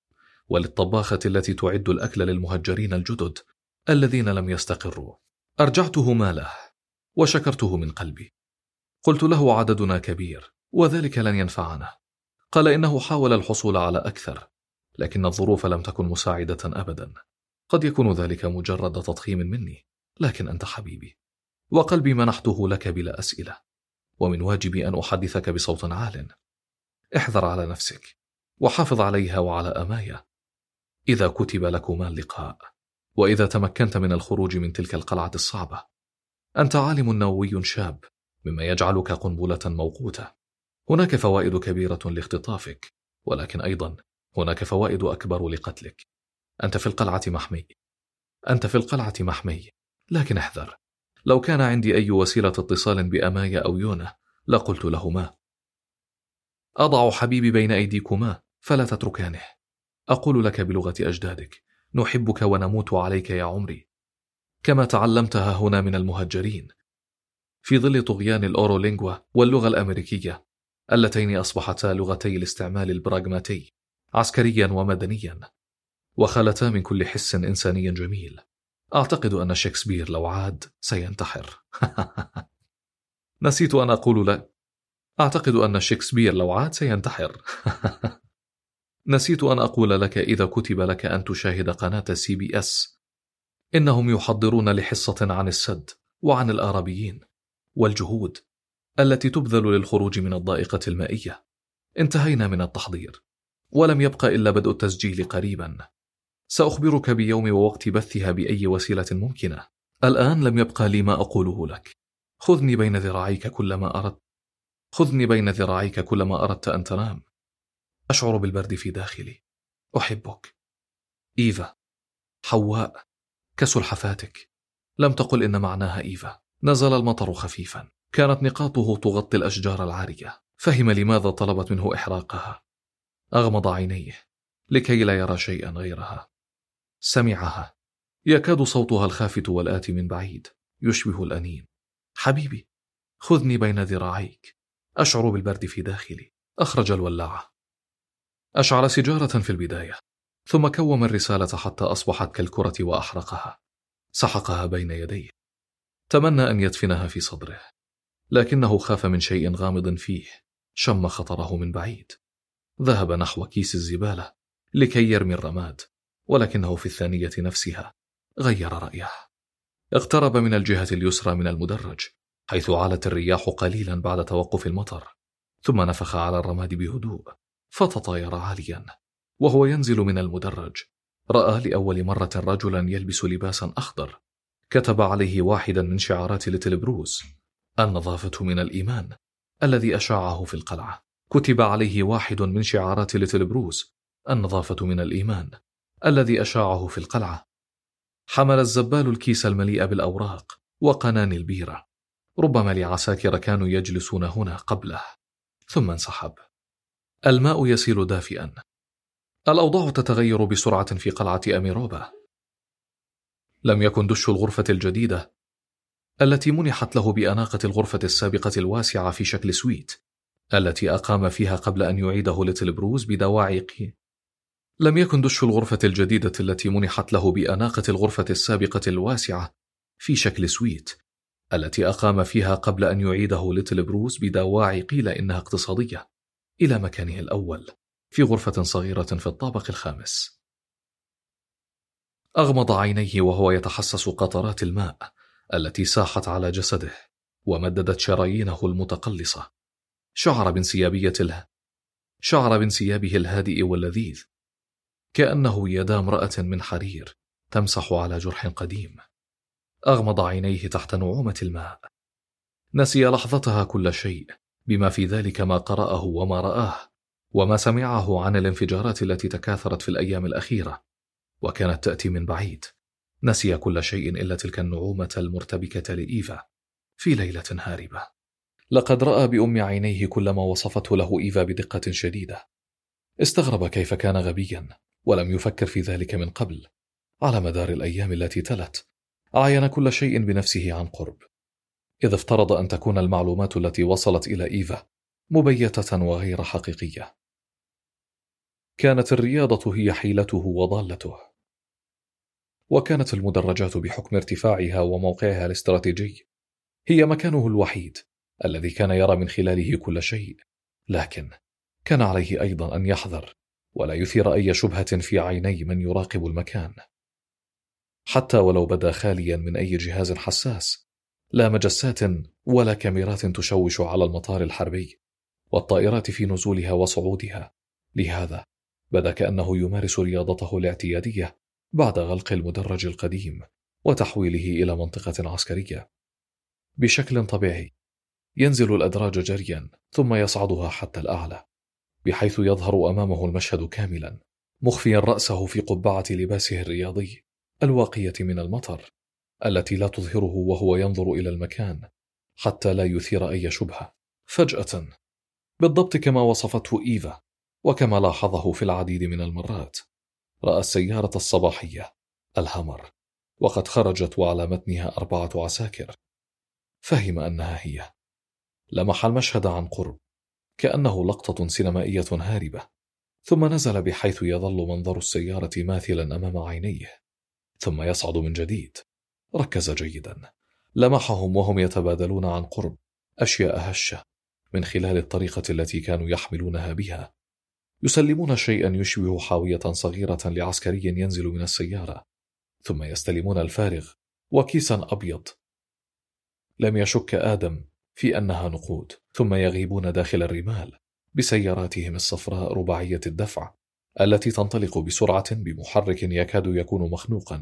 وللطباخة التي تعد الأكل للمهجرين الجدد الذين لم يستقروا. أرجعته ماله وشكرته من قلبي. قلت له عددنا كبير وذلك لن ينفعنا. قال إنه حاول الحصول على أكثر، لكن الظروف لم تكن مساعدة أبدا. قد يكون ذلك مجرد تضخيم مني، لكن أنت حبيبي وقلبي منحته لك بلا أسئلة، ومن واجبي أن أحدثك بصوت عال. احذر على نفسك وحافظ عليها وعلى أمايا. إذا كتب لكما اللقاء، وإذا تمكنت من الخروج من تلك القلعة الصعبة، أنت عالم نووي شاب، مما يجعلك قنبلة موقوتة. هناك فوائد كبيرة لاختطافك، ولكن أيضا هناك فوائد أكبر لقتلك. أنت في القلعة محمي أنت في القلعة محمي لكن احذر. لو كان عندي أي وسيلة اتصال بأمايا أو يونا لقلت لهما: أضع حبيبي بين أيديكما فلا تتركانه. أقول لك بلغة أجدادك: نحبك ونموت عليك يا عمري، كما تعلمتها هنا من المهجرين في ظل طغيان الأورولينغوا واللغة الأمريكية، اللتين أصبحتا لغتي الاستعمال البراغماتي عسكريا ومدنيا، وخلتا من كل حس إنساني جميل. أعتقد أن شكسبير لو عاد سينتحر. نسيت أن أقول لك أعتقد أن شكسبير لو عاد سينتحر. نسيت أن أقول لك إذا كتب لك أن تشاهد قناة سي بي اس، إنهم يحضرون لحصة عن السد وعن الآرابيين والجهود التي تبذل للخروج من الضائقة المائية. انتهينا من التحضير ولم يبقى إلا بدء التسجيل قريبا. سأخبرك بيوم ووقت بثها بأي وسيلة ممكنة. الآن لم يبقى لي ما أقوله لك. خذني بين ذراعيك كلما أردت خذني بين ذراعيك كلما أردت أن تنام. أشعر بالبرد في داخلي. أحبك إيفا. حواء، كسلحفاتك. لم تقل إن معناها إيفا. نزل المطر خفيفا، كانت نقاطه تغطي الأشجار العارية. فهم لماذا طلبت منه إحراقها. أغمض عينيه لكي لا يرى شيئا غيرها. سمعها، يكاد صوتها الخافت والآتي من بعيد يشبه الأنين. حبيبي، خذني بين ذراعيك. أشعر بالبرد في داخلي. أخرج الولاعة، أشعل سيجارة في البداية، ثم كوم الرسالة حتى أصبحت كالكرة وأحرقها. سحقها بين يديه. تمنى أن يدفنها في صدره، لكنه خاف من شيء غامض فيه. شم خطره من بعيد. ذهب نحو كيس الزبالة لكي يرمي الرماد، ولكنه في الثانية نفسها غير رأيه. اقترب من الجهة اليسرى من المدرج، حيث علت الرياح قليلا بعد توقف المطر، ثم نفخ على الرماد بهدوء، فتطاير عاليا. وهو ينزل من المدرج رأى لأول مرة رجلا يلبس لباسا أخضر كتب عليه واحدا من شعارات ليتل بروس: النظافة من الإيمان، الذي أشاعه في القلعة. كتب عليه واحد من شعارات ليتل بروس: النظافة من الإيمان، الذي أشاعه في القلعة. حمل الزبال الكيس المليء بالأوراق وقناني البيرة. ربما لعساكر كانوا يجلسون هنا قبله. ثم انسحب. الماء يسيل دافئا. الأوضاع تتغير بسرعة في قلعة أميروبا. لم يكن دش الغرفة الجديدة التي منحت له بأناقة الغرفة السابقة الواسعة في شكل سويت التي أقام فيها قبل أن يعيده ليتل بروز بدواعي قي. لم يكن دش الغرفة الجديدة التي منحت له بأناقة الغرفة السابقة الواسعة في شكل سويت التي أقام فيها قبل أن يعيده ليتل بروز بدواعي قيل إنها اقتصادية إلى مكانه الأول في غرفة صغيرة في الطابق الخامس. أغمض عينيه وهو يتحسس قطرات الماء التي ساحت على جسده ومددت شرايينه المتقلصة. شعر بانسيابية له شعر بانسيابه الهادئ واللذيذ، كأنه يد امرأة من حرير تمسح على جرح قديم. أغمض عينيه تحت نعومة الماء. نسي لحظتها كل شيء، بما في ذلك ما قرأه وما رآه وما سمعه عن الانفجارات التي تكاثرت في الأيام الأخيرة وكانت تأتي من بعيد. نسي كل شيء إلا تلك النعومة المرتبكة لإيفا في ليلة هاربة. لقد رأى بأم عينيه كل ما وصفته له إيفا بدقة شديدة. استغرب كيف كان غبيا ولم يفكر في ذلك من قبل. على مدار الأيام التي تلت عاين كل شيء بنفسه عن قرب، إذ افترض أن تكون المعلومات التي وصلت إلى إيفا مبيتة وغير حقيقية. كانت الرياضة هي حيلته وضالته، وكانت المدرجات بحكم ارتفاعها وموقعها الاستراتيجي هي مكانه الوحيد الذي كان يرى من خلاله كل شيء، لكن كان عليه أيضا أن يحذر ولا يثير أي شبهة في عيني من يراقب المكان، حتى ولو بدا خاليا من أي جهاز حساس، لا مجسات ولا كاميرات تشوش على المطار الحربي والطائرات في نزولها وصعودها. لهذا بدا كأنه يمارس رياضته الاعتيادية بعد غلق المدرج القديم وتحويله إلى منطقة عسكرية. بشكل طبيعي ينزل الأدراج جريا ثم يصعدها حتى الأعلى، بحيث يظهر أمامه المشهد كاملا، مخفيا رأسه في قبعة لباسه الرياضي الواقية من المطر، التي لا تظهره وهو ينظر إلى المكان حتى لا يثير أي شبهة. فجأة، بالضبط كما وصفته إيفا وكما لاحظه في العديد من المرات، رأى السيارة الصباحية الهامر وقد خرجت وعلى متنها أربعة عساكر. فهم أنها هي. لمح المشهد عن قرب كأنه لقطة سينمائية هاربة، ثم نزل بحيث يظل منظر السيارة ماثلا أمام عينيه، ثم يصعد من جديد. ركز جيدا، لمحهم وهم يتبادلون عن قرب أشياء هشة من خلال الطريقة التي كانوا يحملونها بها، يسلمون شيئا يشبه حاوية صغيرة لعسكري ينزل من السيارة، ثم يستلمون الفارغ وكيسا أبيض لم يشك آدم في أنها نقود، ثم يغيبون داخل الرمال بسياراتهم الصفراء رباعية الدفع التي تنطلق بسرعة بمحرك يكاد يكون مخنوقا،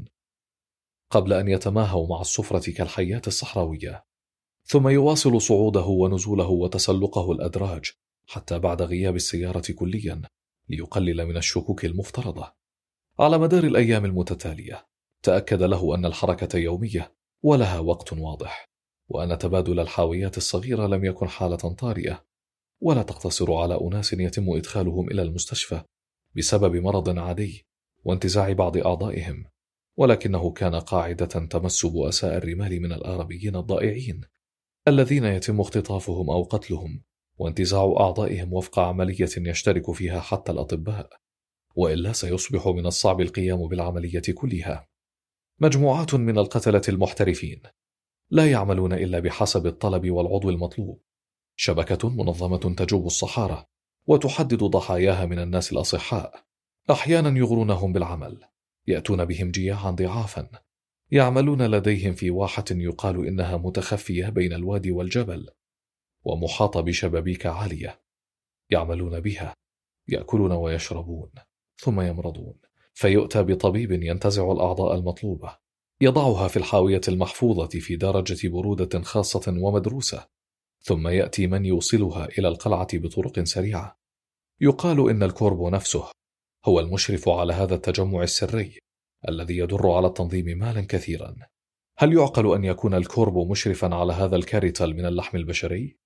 قبل أن يتماهوا مع الصفرة كالحيات الصحراوية. ثم يواصل صعوده ونزوله وتسلقه الأدراج حتى بعد غياب السيارة كليا ليقلل من الشكوك المفترضة. على مدار الأيام المتتالية تأكد له أن الحركة يومية ولها وقت واضح، وأن تبادل الحاويات الصغيرة لم يكن حالة طارئة ولا تقتصر على أناس يتم إدخالهم إلى المستشفى بسبب مرض عادي وانتزاع بعض أعضائهم، ولكنه كان قاعدة تمس بؤساء الرمال من الآربيين الضائعين الذين يتم اختطافهم أو قتلهم وانتزاع أعضائهم وفق عملية يشترك فيها حتى الأطباء، وإلا سيصبح من الصعب القيام بالعملية كلها. مجموعات من القتلة المحترفين لا يعملون إلا بحسب الطلب والعضو المطلوب، شبكة منظمة تجوب الصحارى وتحدد ضحاياها من الناس الأصحاء. أحيانا يغرونهم بالعمل، يأتون بهم جياعا ضعافا، يعملون لديهم في واحة يقال إنها متخفية بين الوادي والجبل ومحاطة بشبابيك عالية، يعملون بها، يأكلون ويشربون ثم يمرضون، فيؤتى بطبيب ينتزع الأعضاء المطلوبة، يضعها في الحاوية المحفوظة في درجة برودة خاصة ومدروسة، ثم يأتي من يوصلها إلى القلعة بطرق سريعة. يقال إن الكوربو نفسه هو المشرف على هذا التجمع السري الذي يدر على التنظيم مالا كثيرا. هل يعقل أن يكون الكوربو مشرفا على هذا الكاريتال من اللحم البشري؟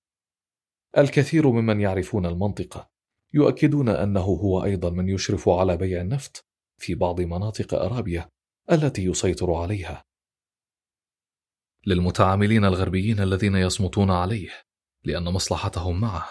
الكثير ممن يعرفون المنطقة يؤكدون أنه هو أيضا من يشرف على بيع النفط في بعض مناطق أرابيا التي يسيطر عليها، للمتعاملين الغربيين الذين يصمتون عليه لأن مصلحتهم معه.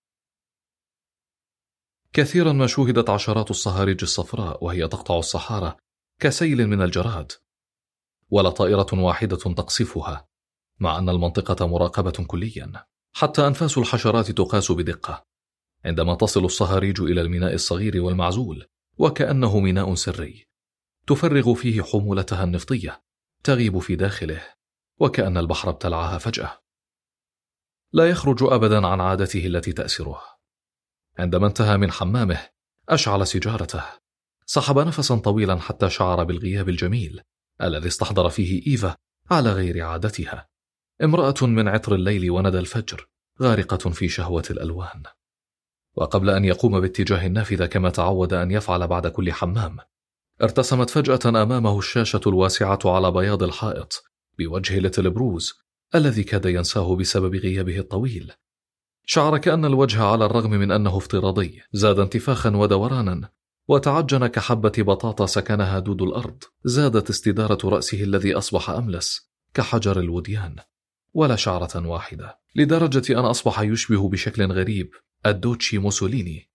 كثيرا ما شوهدت عشرات الصهاريج الصفراء وهي تقطع الصحارى كسيل من الجراد، ولا طائرة واحدة تقصفها، مع أن المنطقة مراقبة كليا، حتى أنفاس الحشرات تقاس بدقة عندما تصل الصهاريج إلى الميناء الصغير والمعزول، وكأنه ميناء سري تفرغ فيه حمولتها النفطية تغيب في داخله، وكأن البحر ابتلعها فجأة. لا يخرج أبدا عن عادته التي تأسره. عندما انتهى من حمامه أشعل سيجارته، سحب نفسا طويلا حتى شعر بالغياب الجميل الذي استحضر فيه إيفا على غير عادتها، امرأة من عطر الليل وندى الفجر، غارقة في شهوة الألوان. وقبل أن يقوم باتجاه النافذة كما تعود أن يفعل بعد كل حمام، ارتسمت فجأة أمامه الشاشة الواسعة على بياض الحائط بوجه ليتل بروز الذي كاد ينساه بسبب غيابه الطويل. شعر كأن الوجه على الرغم من أنه افتراضي زاد انتفاخا ودورانا، وتعجن كحبة بطاطا سكنها دود الأرض. زادت استدارة رأسه الذي أصبح أملس كحجر الوديان ولا شعرة واحدة، لدرجة أن أصبح يشبه بشكل غريب الدوتشي موسوليني.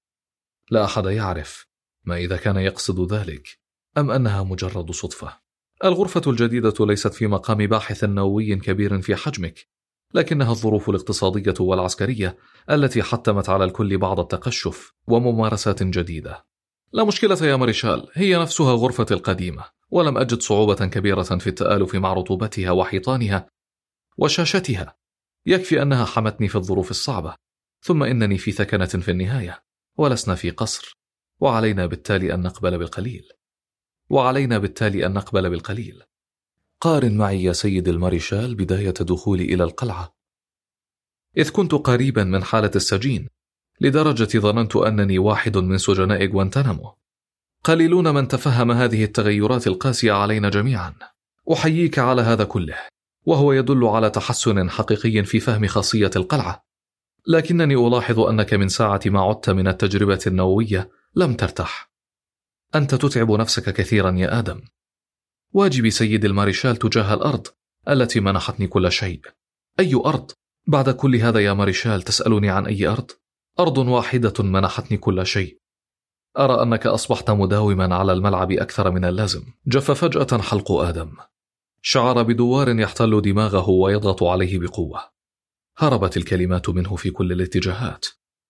لا أحد يعرف ما إذا كان يقصد ذلك أم أنها مجرد صدفة. الغرفة الجديدة ليست في مقام باحث نووي كبير في حجمك، لكنها الظروف الاقتصادية والعسكرية التي حتمت على الكل بعض التقشف وممارسات جديدة. لا مشكلة يا ماريشال، هي نفسها غرفتي القديمة، ولم أجد صعوبة كبيرة في التآلف مع رطوبتها وحيطانها وشاشتها. يكفي أنها حمتني في الظروف الصعبة، ثم إنني في ثكنة في النهاية، ولسنا في قصر، وعلينا بالتالي أن نقبل بالقليل وعلينا بالتالي أن نقبل بالقليل. قارن معي يا سيد الماريشال بداية دخولي إلى القلعة، إذ كنت قريبا من حالة السجين لدرجة ظننت أنني واحد من سجناء غوانتنامو. قليلون من تفهم هذه التغيرات القاسية علينا جميعا. أحييك على هذا كله، وهو يدل على تحسن حقيقي في فهم خاصية القلعة. لكنني ألاحظ أنك من ساعة ما عدت من التجربة النووية لم ترتاح. أنت تتعب نفسك كثيرا يا آدم. واجبي سيد الماريشال تجاه الأرض التي منحتني كل شيء. أي أرض؟ بعد كل هذا يا ماريشال تسألني عن أي أرض؟ أرض واحدة منحتني كل شيء. أرى أنك أصبحت مداوما على الملعب أكثر من اللازم. جف فجأة حلق آدم، شعر بدوار يحتل دماغه ويضغط عليه بقوة. هربت الكلمات منه في كل الاتجاهات.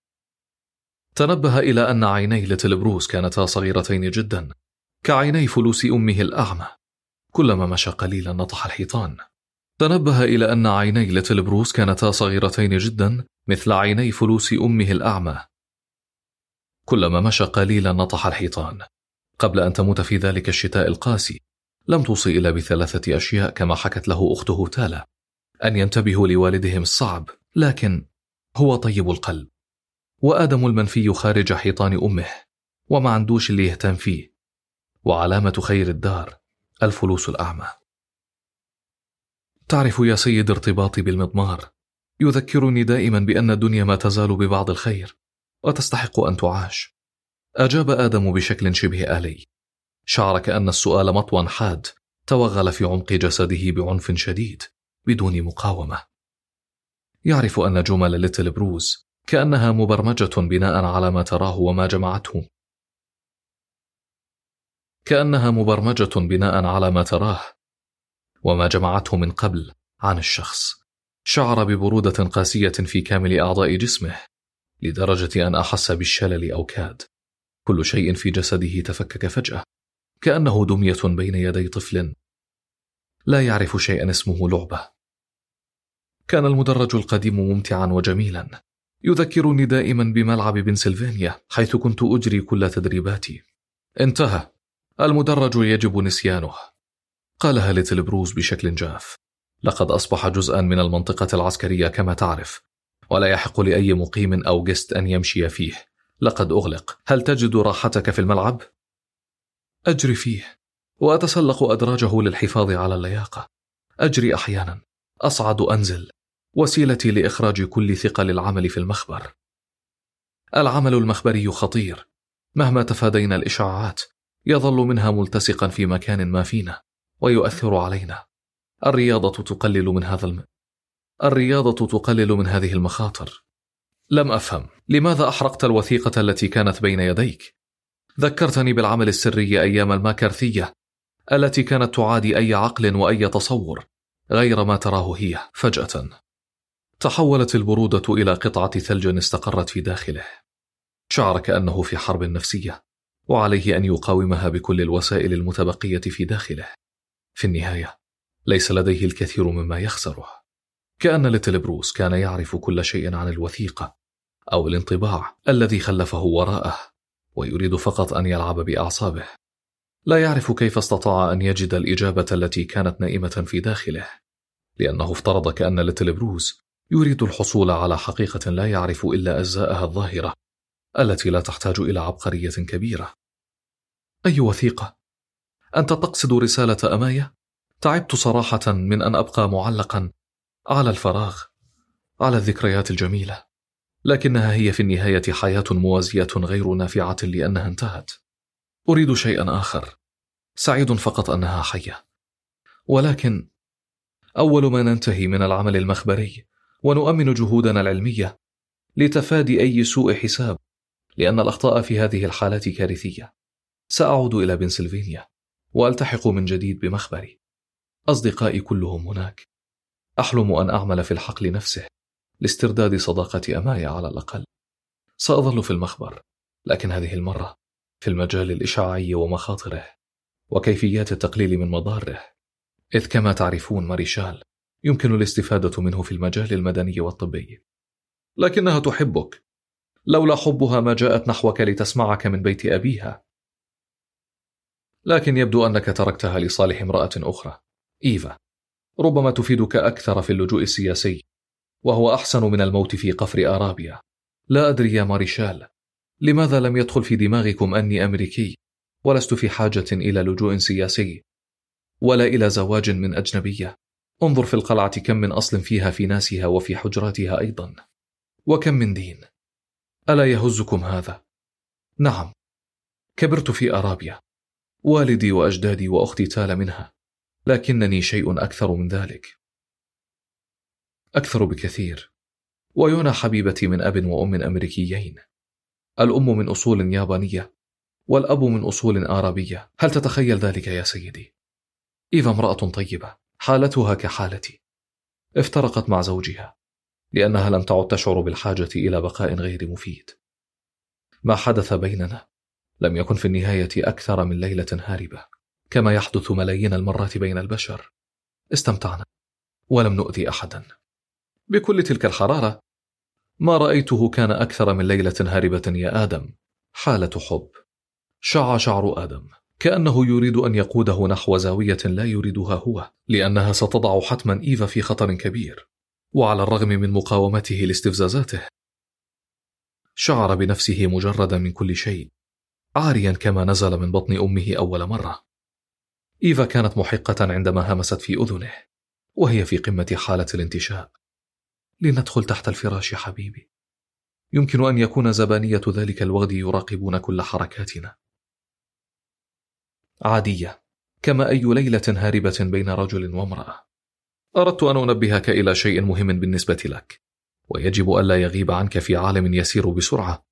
تنبه إلى أن عيني ليتل بروس كانتا صغيرتين جدا، كعيني فلوس أمه الأعمى. كلما مشى قليلا نطح الحيطان. تنبه إلى أن عيني ليتل بروس كانتا صغيرتين جدا مثل عيني فلوس أمه الأعمى. كلما مشى قليلا نطح الحيطان. قبل أن تموت في ذلك الشتاء القاسي لم توصي إلا بثلاثة أشياء كما حكت له أخته تالا: أن ينتبهوا لوالدهم الصعب، لكن هو طيب القلب، وآدم المنفي خارج حيطان أمه، وما عندوش اللي يهتم فيه، وعلامة خير الدار الفلوس الأعمى. تعرف يا سيد ارتباطي بالمضمار يذكرني دائما بأن الدنيا ما تزال ببعض الخير وتستحق أن تعاش. أجاب آدم بشكل شبه آلي. شعر كأن السؤال مطوى حاد توغل في عمق جسده بعنف شديد بدون مقاومة. يعرف أن جمل ليتل بروس كأنها مبرمجة بناء على ما تراه وما جمعته كأنها مبرمجة بناء على ما تراه وما جمعته من قبل عن الشخص. شعر ببرودة قاسية في كامل أعضاء جسمه لدرجة أن أحس بالشلل أو كاد. كل شيء في جسده تفكك فجأة، كأنه دمية بين يدي طفل لا يعرف شيئا اسمه لعبة. كان المدرج القديم ممتعا وجميلا، يذكرني دائما بملعب بنسلفانيا حيث كنت أجري كل تدريباتي. انتهى، المدرج يجب نسيانه، قالها ليتل بروس بشكل جاف. لقد أصبح جزءا من المنطقة العسكرية كما تعرف، ولا يحق لأي مقيم أو جست أن يمشي فيه. لقد أغلق. هل تجد راحتك في الملعب؟ أجري فيه وأتسلق أدراجه للحفاظ على اللياقة. أجري أحيانا، أصعد أنزل، وسيلتي لإخراج كل ثقل العمل في المخبر. العمل المخبري خطير، مهما تفادينا الإشعاعات يظل منها ملتصقا في مكان ما فينا ويؤثر علينا. الرياضة تقلل من هذا الم... الرياضة تقلل من هذه المخاطر. لم أفهم لماذا أحرقت الوثيقة التي كانت بين يديك. ذكرتني بالعمل السري أيام الماكارثية التي كانت تعادي أي عقل وأي تصور غير ما تراه هي. فجأة تحولت البرودة إلى قطعة ثلج استقرت في داخله. شعر كأنه في حرب نفسية، وعليه أن يقاومها بكل الوسائل المتبقية في داخله. في النهاية ليس لديه الكثير مما يخسره. كأن ليتل بروس كان يعرف كل شيء عن الوثيقة أو الانطباع الذي خلفه وراءه، ويريد فقط أن يلعب بأعصابه. لا يعرف كيف استطاع أن يجد الإجابة التي كانت نائمة في داخله، لأنه افترض كأن ليتل بروس يريد الحصول على حقيقة لا يعرف إلا أجزاءها الظاهرة التي لا تحتاج إلى عبقرية كبيرة. أي وثيقة؟ أنت تقصد رسالة أماية؟ تعبت صراحة من أن أبقى معلقا على الفراغ، على الذكريات الجميلة، لكنها هي في النهاية حياة موازية غير نافعة لأنها انتهت. أريد شيئا آخر، سعيد فقط أنها حية. ولكن أول ما ننتهي من العمل المخبري ونؤمن جهودنا العلمية لتفادي أي سوء حساب، لأن الأخطاء في هذه الحالات كارثية، سأعود إلى بنسلفانيا وألتحق من جديد بمخبري. أصدقائي كلهم هناك. أحلم أن أعمل في الحقل نفسه لاسترداد صداقة أماي على الأقل. سأظل في المخبر، لكن هذه المرة في المجال الإشعاعي ومخاطره وكيفيات التقليل من مضاره، إذ كما تعرفون ماريشال يمكن الاستفادة منه في المجال المدني والطبي. لكنها تحبك، لولا حبها ما جاءت نحوك لتسمعك من بيت أبيها. لكن يبدو أنك تركتها لصالح امرأة أخرى، إيفا، ربما تفيدك أكثر في اللجوء السياسي، وهو أحسن من الموت في قفر أرابيا. لا أدري يا ماريشال، لماذا لم يدخل في دماغكم أني أمريكي ولست في حاجة إلى لجوء سياسي ولا إلى زواج من أجنبية؟ انظر في القلعة كم من أصل فيها في ناسها وفي حجراتها أيضا، وكم من دين. ألا يهزكم هذا؟ نعم، كبرت في أرابيا، والدي وأجدادي وأختي تال منها، لكنني شيء أكثر من ذلك، أكثر بكثير. ويونا حبيبتي من أب وأم أمريكيين، الأم من أصول يابانية والأب من أصول آرابية. هل تتخيل ذلك يا سيدي؟ إيفا امرأة طيبة، حالتها كحالتي. افترقت مع زوجها لأنها لم تعد تشعر بالحاجة إلى بقاء غير مفيد. ما حدث بيننا لم يكن في النهاية أكثر من ليلة هاربة، كما يحدث ملايين المرات بين البشر. استمتعنا ولم نؤذي أحدا. بكل تلك الحرارة ما رأيته كان أكثر من ليلة هاربة يا آدم، حالة حب. شع شعر آدم كأنه يريد أن يقوده نحو زاوية لا يريدها هو، لأنها ستضع حتما إيفا في خطر كبير. وعلى الرغم من مقاومته لاستفزازاته، شعر بنفسه مجردا من كل شيء، عاريا كما نزل من بطن أمه أول مرة. إيفا كانت محقة عندما همست في أذنه وهي في قمة حالة الانتشاء. لندخل تحت الفراش حبيبي. يمكن أن يكون زبانية ذلك الوغد يراقبون كل حركاتنا. عادية، كما أي ليلة هاربة بين رجل وامرأة. أردت أن أنبهك إلى شيء مهم بالنسبة لك، ويجب ألا يغيب عنك في عالم يسير بسرعة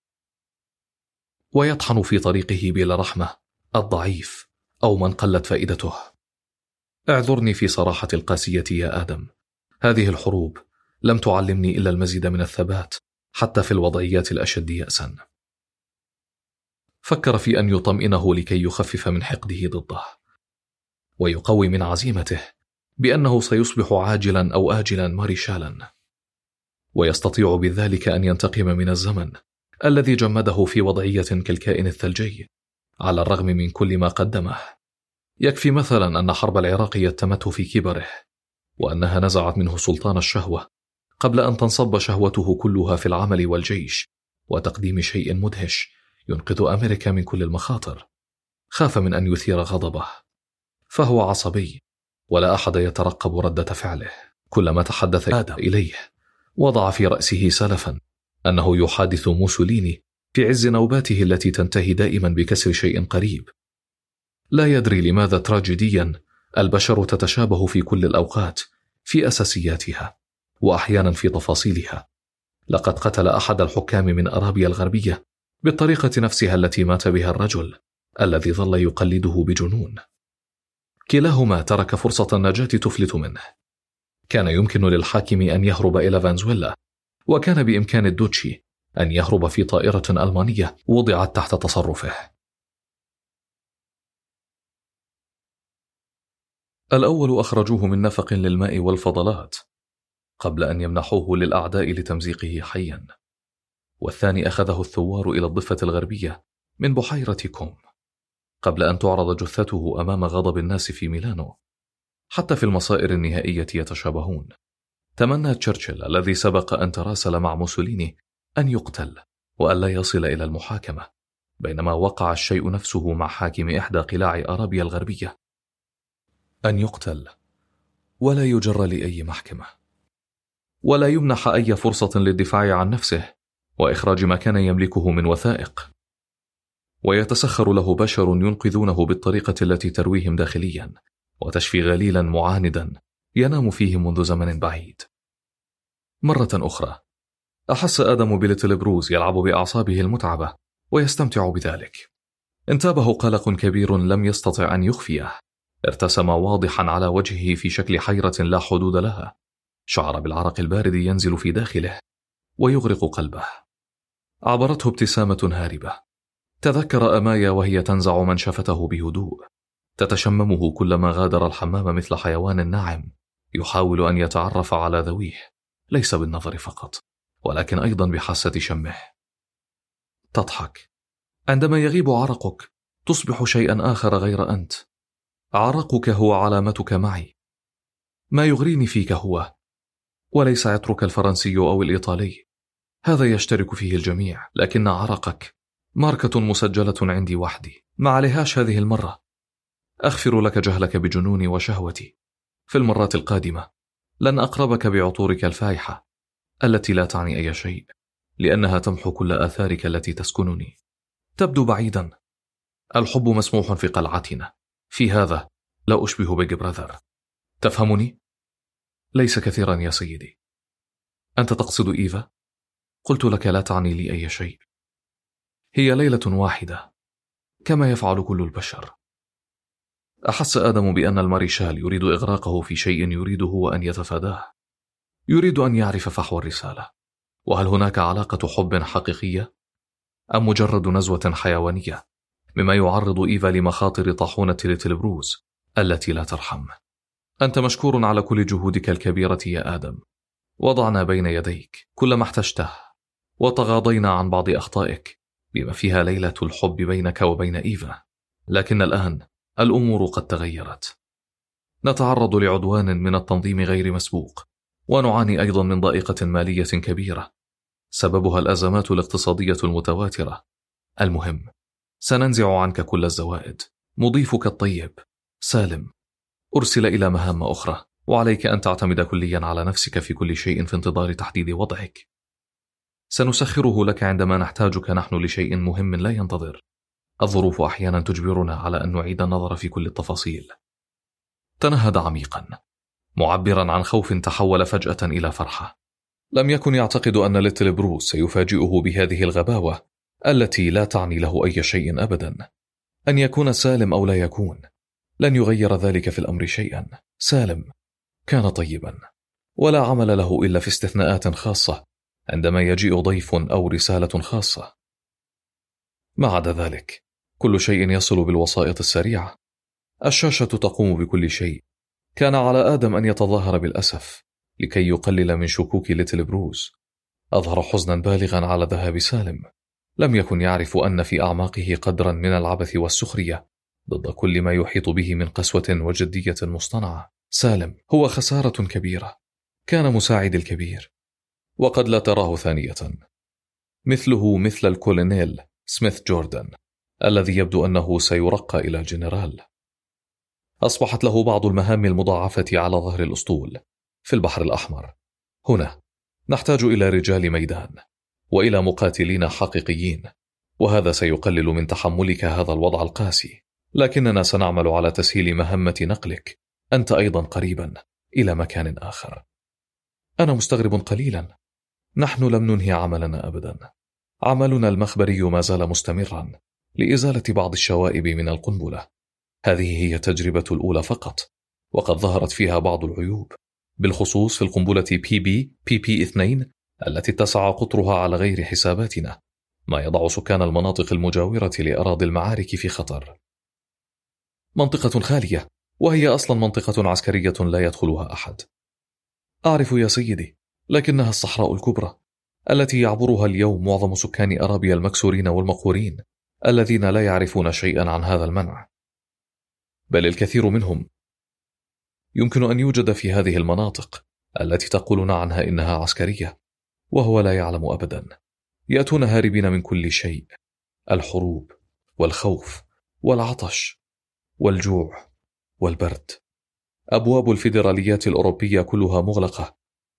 ويطحن في طريقه بلا رحمة الضعيف أو من قلت فائدته. اعذرني في صراحة القاسية يا آدم، هذه الحروب لم تعلمني إلا المزيد من الثبات حتى في الوضعيات الأشد يأسا. فكر في أن يطمئنه لكي يخفف من حقده ضده ويقوي من عزيمته بأنه سيصبح عاجلا أو آجلا ماريشالا، ويستطيع بذلك أن ينتقم من الزمن الذي جمده في وضعية كالكائن الثلجي على الرغم من كل ما قدمه. يكفي مثلا أن حرب العراق يتمته في كبره، وأنها نزعت منه سلطان الشهوة قبل أن تنصب شهوته كلها في العمل والجيش وتقديم شيء مدهش ينقذ أمريكا من كل المخاطر. خاف من أن يثير غضبه، فهو عصبي ولا أحد يترقب ردة فعله. كلما تحدث آدم إليه وضع في رأسه سلفا أنه يحادث موسوليني في عز نوباته التي تنتهي دائما بكسر شيء قريب. لا يدري لماذا تراجيديا البشر تتشابه في كل الأوقات في أساسياتها وأحيانا في تفاصيلها. لقد قتل أحد الحكام من أرابيا الغربية بالطريقة نفسها التي مات بها الرجل الذي ظل يقلده بجنون. كلاهما ترك فرصة النجاة تفلت منه. كان يمكن للحاكم أن يهرب إلى فنزويلا، وكان بإمكان الدوتشي أن يهرب في طائرة ألمانية وضعت تحت تصرفه. الأول أخرجوه من نفق للماء والفضلات قبل أن يمنحوه للأعداء لتمزيقه حيا، والثاني أخذه الثوار إلى الضفة الغربية من بحيرة كوم قبل أن تعرض جثته أمام غضب الناس في ميلانو. حتى في المصائر النهائية يتشابهون. تمنى تشرشل الذي سبق أن تراسل مع موسوليني أن يقتل وأن لا يصل إلى المحاكمة، بينما وقع الشيء نفسه مع حاكم إحدى قلاع أرابيا الغربية، أن يقتل ولا يجر لأي محكمة ولا يمنح أي فرصة للدفاع عن نفسه وإخراج ما كان يملكه من وثائق، ويتسخر له بشر ينقذونه بالطريقة التي ترويهم داخليا وتشفي غليلا معاندا ينام فيه منذ زمن بعيد. مرة أخرى أحس آدم بليتل بروز يلعب بأعصابه المتعبة ويستمتع بذلك. انتابه قلق كبير لم يستطع أن يخفيه، ارتسم واضحا على وجهه في شكل حيرة لا حدود لها. شعر بالعرق البارد ينزل في داخله ويغرق قلبه. عبرته ابتسامة هاربة. تذكر أمايا وهي تنزع منشفته بهدوء، تتشممه كلما غادر الحمام مثل حيوان ناعم يحاول أن يتعرف على ذويه، ليس بالنظر فقط ولكن أيضا بحاسة شمه. تضحك. عندما يغيب عرقك تصبح شيئا آخر غير أنت. عرقك هو علامتك معي. ما يغريني فيك هو وليس عطرك الفرنسي أو الإيطالي، هذا يشترك فيه الجميع، لكن عرقك ماركة مسجلة عندي وحدي، ما عليهاش هذه المرة. أغفر لك جهلك بجنوني وشهوتي. في المرات القادمة لن أقربك بعطورك الفايحة التي لا تعني أي شيء، لأنها تمحو كل آثارك التي تسكنني. تبدو بعيدا. الحب مسموح في قلعتنا، في هذا لا أشبه بيج براذر. تفهمني؟ ليس كثيرا يا سيدي. أنت تقصد إيفا؟ قلت لك لا تعني لي أي شيء. هي ليلة واحدة كما يفعل كل البشر. أحس آدم بأن الماريشال يريد إغراقه في شيء يريد هو أن يتفاداه. يريد أن يعرف فحوى الرسالة، وهل هناك علاقة حب حقيقية أم مجرد نزوة حيوانية مما يعرض إيفا لمخاطر طاحونة ليتل بروز التي لا ترحم. أنت مشكور على كل جهودك الكبيرة يا آدم. وضعنا بين يديك كل ما احتجته وتغاضينا عن بعض أخطائك بما فيها ليلة الحب بينك وبين إيفا، لكن الآن الأمور قد تغيرت. نتعرض لعدوان من التنظيم غير مسبوق، ونعاني أيضا من ضائقة مالية كبيرة سببها الأزمات الاقتصادية المتواترة. المهم، سننزع عنك كل الزوائد. مضيفك الطيب سالم أرسل إلى مهام أخرى، وعليك أن تعتمد كليا على نفسك في كل شيء في انتظار تحديد وضعك. سنسخره لك عندما نحتاجك نحن لشيء مهم لا ينتظر. الظروف أحيانا تجبرنا على أن نعيد النظر في كل التفاصيل. تنهد عميقا، معبرا عن خوف تحول فجأة إلى فرحة. لم يكن يعتقد أن ليتل بروس سيفاجئه بهذه الغباوة التي لا تعني له أي شيء أبدا. أن يكون سالم أو لا يكون لن يغير ذلك في الأمر شيئا. سالم كان طيبا، ولا عمل له إلا في استثناءات خاصة عندما يجيء ضيف أو رسالة خاصة. ما عدا ذلك كل شيء يصل بالوسائط السريعة. الشاشة تقوم بكل شيء. كان على آدم أن يتظاهر بالأسف لكي يقلل من شكوك ليتل بروز. أظهر حزنا بالغا على ذهاب سالم. لم يكن يعرف أن في أعماقه قدرا من العبث والسخرية ضد كل ما يحيط به من قسوة وجدية مصطنعة. سالم هو خسارة كبيرة. كان مساعد الكبير، وقد لا تراه ثانية. مثله مثل الكولونيل سميث جوردن الذي يبدو أنه سيرقى إلى جنرال. أصبحت له بعض المهام المضاعفة على ظهر الأسطول في البحر الأحمر. هنا نحتاج إلى رجال ميدان وإلى مقاتلين حقيقيين، وهذا سيقلل من تحملك هذا الوضع القاسي، لكننا سنعمل على تسهيل مهمة نقلك أنت أيضا قريبا إلى مكان آخر. أنا مستغرب قليلا. نحن لم ننهي عملنا أبدا. عملنا المخبري ما زال مستمرا لإزالة بعض الشوائب من القنبلة. هذه هي التجربة الأولى فقط، وقد ظهرت فيها بعض العيوب، بالخصوص في القنبلة بي بي بي بي اثنين التي اتسع قطرها على غير حساباتنا، ما يضع سكان المناطق المجاورة لأراضي المعارك في خطر. منطقة خالية، وهي أصلا منطقة عسكرية لا يدخلها أحد. أعرف يا سيدي، لكنها الصحراء الكبرى التي يعبرها اليوم معظم سكان أرابيا المكسورين والمقهورين الذين لا يعرفون شيئا عن هذا المنع، بل الكثير منهم. يمكن أن يوجد في هذه المناطق التي تقولون عنها إنها عسكرية وهو لا يعلم أبدا. يأتون هاربين من كل شيء: الحروب والخوف والعطش والجوع والبرد. أبواب الفيدراليات الأوروبية كلها مغلقة،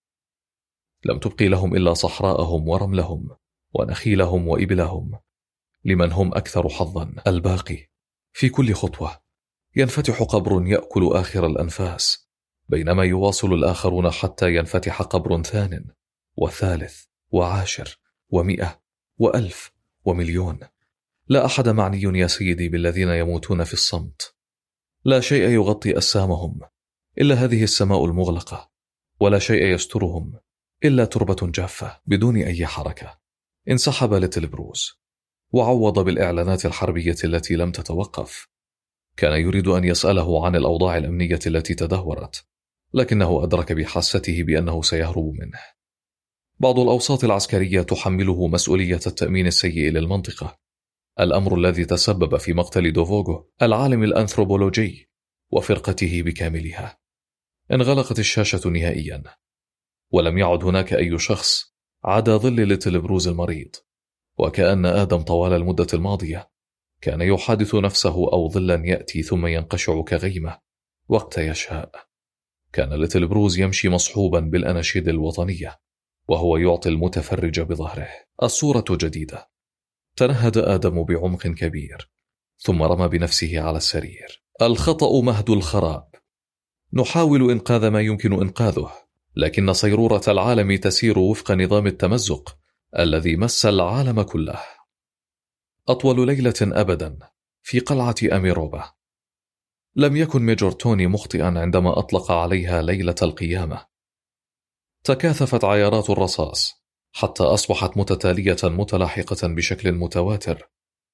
لم تبقي لهم إلا صحراءهم ورملهم ونخيلهم وإبلهم لمن هم أكثر حظا. الباقي في كل خطوة ينفتح قبر يأكل آخر الأنفاس، بينما يواصل الآخرون حتى ينفتح قبر ثان وثالث وعاشر ومئة وألف ومليون. لا أحد معني يا سيدي بالذين يموتون في الصمت. لا شيء يغطي أسامهم إلا هذه السماء المغلقة، ولا شيء يسترهم إلا تربة جافة بدون أي حركة. انسحب ليتل بروز وعوض بالإعلانات الحربية التي لم تتوقف. كان يريد أن يسأله عن الأوضاع الأمنية التي تدهورت، لكنه أدرك بحاسته بأنه سيهرب منه. بعض الأوساط العسكرية تحمله مسؤولية التأمين السيء للمنطقة، الأمر الذي تسبب في مقتل دوفوغو العالم الأنثروبولوجي وفرقته بكاملها. انغلقت الشاشة نهائيا، ولم يعد هناك أي شخص عدا ظل ليتل بروز المريض. وكأن آدم طوال المدة الماضية كان يحادث نفسه أو ظلا يأتي ثم ينقشع كغيمة وقت يشاء. كان ليتل بروز يمشي مصحوبا بالأناشيد الوطنية وهو يعطي المتفرج بظهره. الصورة جديدة. تنهد آدم بعمق كبير ثم رمى بنفسه على السرير. الخطأ مهد الخراب. نحاول إنقاذ ما يمكن إنقاذه، لكن صيرورة العالم تسير وفق نظام التمزق الذي مس العالم كله. أطول ليلة أبدا في قلعة أميروبا. لم يكن ميجور توني مخطئا عندما أطلق عليها ليلة القيامة. تكاثفت عيارات الرصاص حتى أصبحت متتالية متلاحقة بشكل متواتر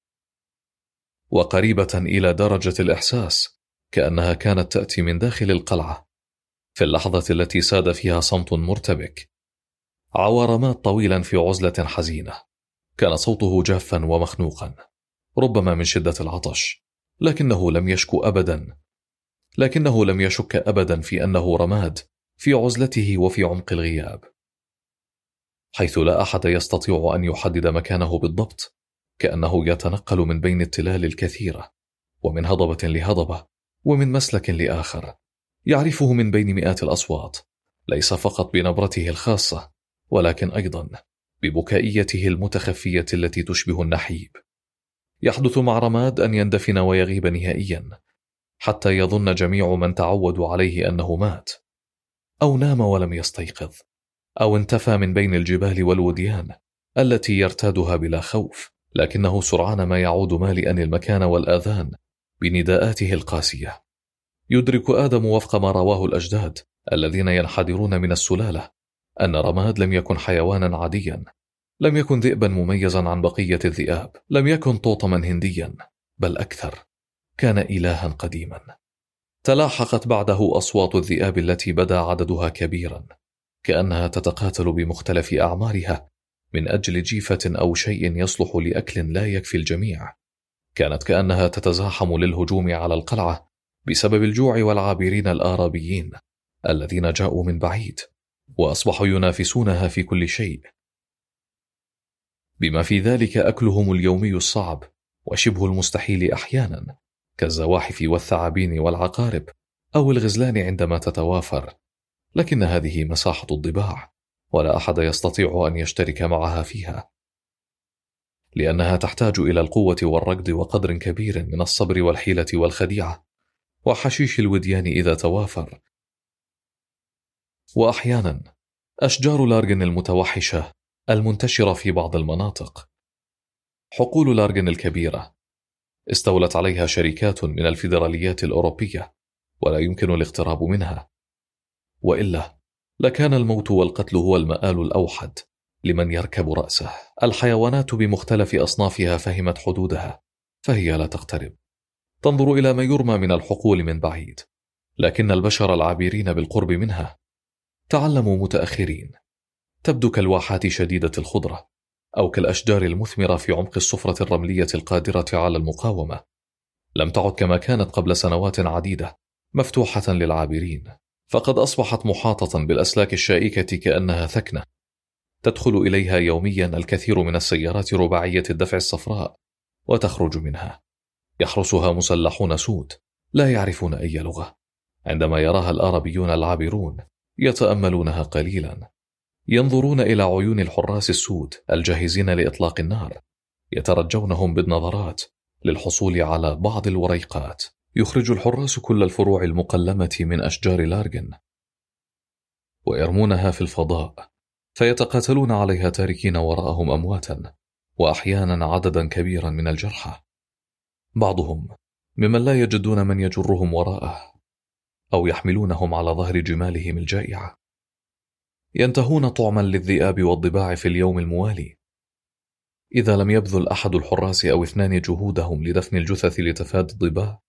وقريبة إلى درجة الإحساس كأنها كانت تأتي من داخل القلعة. في اللحظة التي ساد فيها صمت مرتبك عوار مات طويلا في عزلة حزينة. كان صوته جافا ومخنوقا، ربما من شدة العطش، لكنه لم يشك أبدا لكنه لم يشك أبدا في أنه رماد في عزلته وفي عمق الغياب، حيث لا أحد يستطيع أن يحدد مكانه بالضبط. كأنه يتنقل من بين التلال الكثيرة، ومن هضبة لهضبة، ومن مسلك لآخر، يعرفه من بين مئات الأصوات، ليس فقط بنبرته الخاصة ولكن أيضا ببكائيته المتخفية التي تشبه النحيب. يحدث مع رماد أن يندفن ويغيب نهائيا حتى يظن جميع من تعودوا عليه أنه مات، أو نام ولم يستيقظ، أو انتفى من بين الجبال والوديان التي يرتادها بلا خوف، لكنه سرعان ما يعود مالئا المكان والآذان بنداءاته القاسية. يدرك آدم وفق ما رواه الأجداد الذين ينحدرون من السلالة أن رماد لم يكن حيوانا عاديا، لم يكن ذئبا مميزا عن بقية الذئاب، لم يكن طوطما هنديا، بل أكثر، كان إلها قديما. تلاحقت بعده أصوات الذئاب التي بدا عددها كبيرا، كأنها تتقاتل بمختلف أعمارها من أجل جيفة أو شيء يصلح لأكل لا يكفي الجميع. كانت كأنها تتزاحم للهجوم على القلعة بسبب الجوع والعابرين الآرابيين الذين جاءوا من بعيد وأصبحوا ينافسونها في كل شيء، بما في ذلك أكلهم اليومي الصعب وشبه المستحيل أحيانا، كالزواحف والثعابين والعقارب أو الغزلان عندما تتوافر. لكن هذه مساحة الضباع، ولا أحد يستطيع أن يشترك معها فيها، لأنها تحتاج إلى القوة والركض وقدر كبير من الصبر والحيلة والخديعة وحشيش الوديان إذا توافر. وأحيانا أشجار لارغن المتوحشة المنتشرة في بعض المناطق. حقول لارغن الكبيرة استولت عليها شركات من الفيدراليات الأوروبية، ولا يمكن الاقتراب منها، وإلا لكان الموت والقتل هو المآل الأوحد لمن يركب رأسه. الحيوانات بمختلف أصنافها فهمت حدودها، فهي لا تقترب، تنظر إلى ما يرمى من الحقول من بعيد، لكن البشر العابرين بالقرب منها تعلموا متأخرين. تبدو كالواحات شديدة الخضرة، أو كالأشجار المثمرة في عمق الصفرة الرملية القادرة على المقاومة. لم تعد كما كانت قبل سنوات عديدة مفتوحة للعابرين، فقد أصبحت محاطة بالأسلاك الشائكة كأنها ثكنة تدخل إليها يوميا الكثير من السيارات رباعية الدفع الصفراء وتخرج منها. يحرسها مسلحون سود لا يعرفون أي لغة. عندما يراها الآرابيون العابرون يتأملونها قليلا، ينظرون إلى عيون الحراس السود الجاهزين لإطلاق النار، يترجونهم بالنظرات للحصول على بعض الوريقات. يخرج الحراس كل الفروع المقلمة من أشجار لارغن ويرمونها في الفضاء، فيتقاتلون عليها تاركين وراءهم أمواتا وأحيانا عددا كبيرا من الجرحى، بعضهم ممن لا يجدون من يجرهم وراءه أو يحملونهم على ظهر جمالهم الجائعة. ينتهون طعما للذئاب والضباع في اليوم الموالي. إذا لم يبذل أحد الحراس أو اثنان جهودهم لدفن الجثث لتفادي الضباع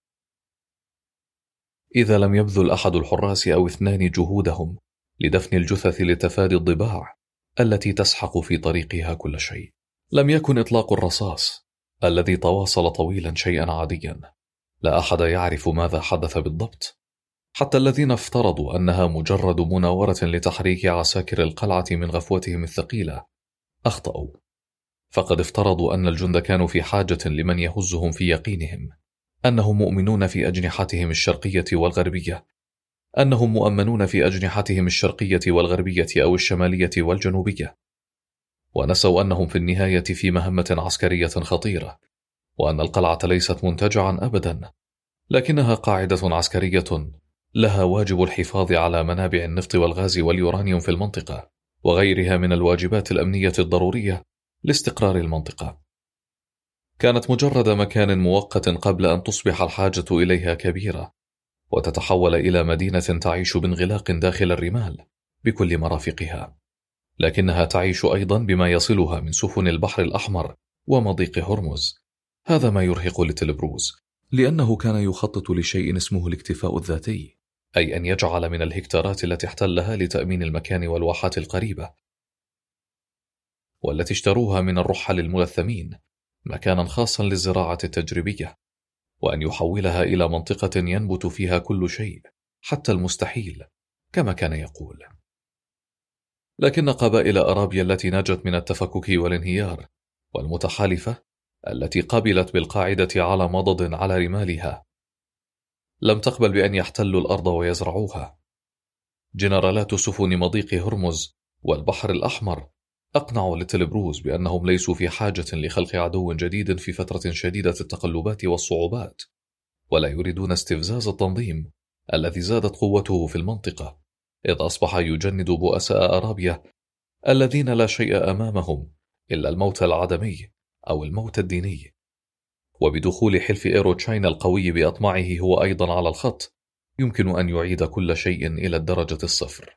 إذا لم يبذل أحد الحراس أو اثنان جهودهم لدفن الجثث لتفادي الضباع التي تسحق في طريقها كل شيء، لم يكن إطلاق الرصاص الذي تواصل طويلا شيئا عاديا. لا أحد يعرف ماذا حدث بالضبط، حتى الذين افترضوا أنها مجرد مناورة لتحريك عساكر القلعة من غفوتهم الثقيلة أخطأوا، فقد افترضوا أن الجند كانوا في حاجة لمن يهزهم في يقينهم أنهم مؤمنون في أجنحتهم الشرقية والغربية أنهم مؤمنون في أجنحتهم الشرقية والغربية أو الشمالية والجنوبية، ونسوا أنهم في النهاية في مهمة عسكرية خطيرة، وأن القلعة ليست منتجعا أبدا، لكنها قاعدة عسكرية لها واجب الحفاظ على منابع النفط والغاز واليورانيوم في المنطقة وغيرها من الواجبات الأمنية الضرورية لاستقرار المنطقة. كانت مجرد مكان مؤقت قبل أن تصبح الحاجة إليها كبيرة وتتحول إلى مدينة تعيش بانغلاق داخل الرمال بكل مرافقها، لكنها تعيش أيضا بما يصلها من سفن البحر الأحمر ومضيق هرمز. هذا ما يرهق لتلبروز، لأنه كان يخطط لشيء اسمه الاكتفاء الذاتي، أي أن يجعل من الهكتارات التي احتلها لتأمين المكان والواحات القريبة والتي اشتروها من الرحل الملثمين مكانا خاصا للزراعة التجريبية، وأن يحولها إلى منطقة ينبت فيها كل شيء حتى المستحيل كما كان يقول. لكن قبائل أرابيا التي نجت من التفكك والانهيار والمتحالفة التي قبلت بالقاعدة على مضض على رمالها لم تقبل بأن يحتلوا الأرض ويزرعوها. جنرالات سفن مضيق هرمز والبحر الأحمر أقنعوا لتلبروز بأنهم ليسوا في حاجة لخلق عدو جديد في فترة شديدة التقلبات والصعوبات، ولا يريدون استفزاز التنظيم الذي زادت قوته في المنطقة، إذ أصبح يجند بؤساء أرابيا الذين لا شيء أمامهم إلا الموت العدمي أو الموت الديني. وبدخول حلف إيرو تشاينا القوي بأطماعه هو أيضا على الخط يمكن أن يعيد كل شيء إلى الدرجة الصفر.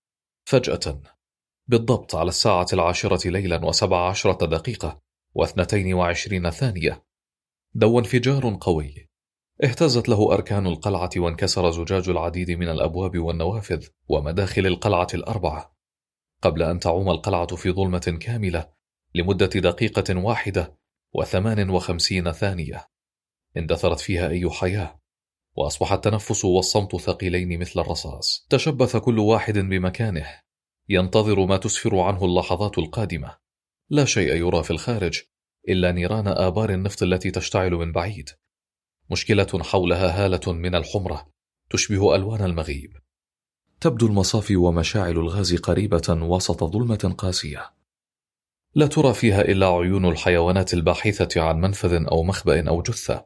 فجأة بالضبط على الساعة العاشرة ليلا وسبع عشرة دقيقة واثنتين وعشرين ثانية دو انفجار قوي اهتزت له أركان القلعة وانكسر زجاج العديد من الأبواب والنوافذ ومداخل القلعة الأربعة، قبل أن تعوم القلعة في ظلمة كاملة لمدة دقيقة واحدة وثمان وخمسين ثانية اندثرت فيها أي حياة، وأصبح التنفس والصمت ثقيلين مثل الرصاص. تشبث كل واحد بمكانه ينتظر ما تسفر عنه اللحظات القادمة. لا شيء يرى في الخارج إلا نيران آبار النفط التي تشتعل من بعيد، مشكلة حولها هالة من الحمرة تشبه ألوان المغيب. تبدو المصافي ومشاعل الغاز قريبة وسط ظلمة قاسية لا ترى فيها إلا عيون الحيوانات الباحثة عن منفذ أو مخبأ أو جثة.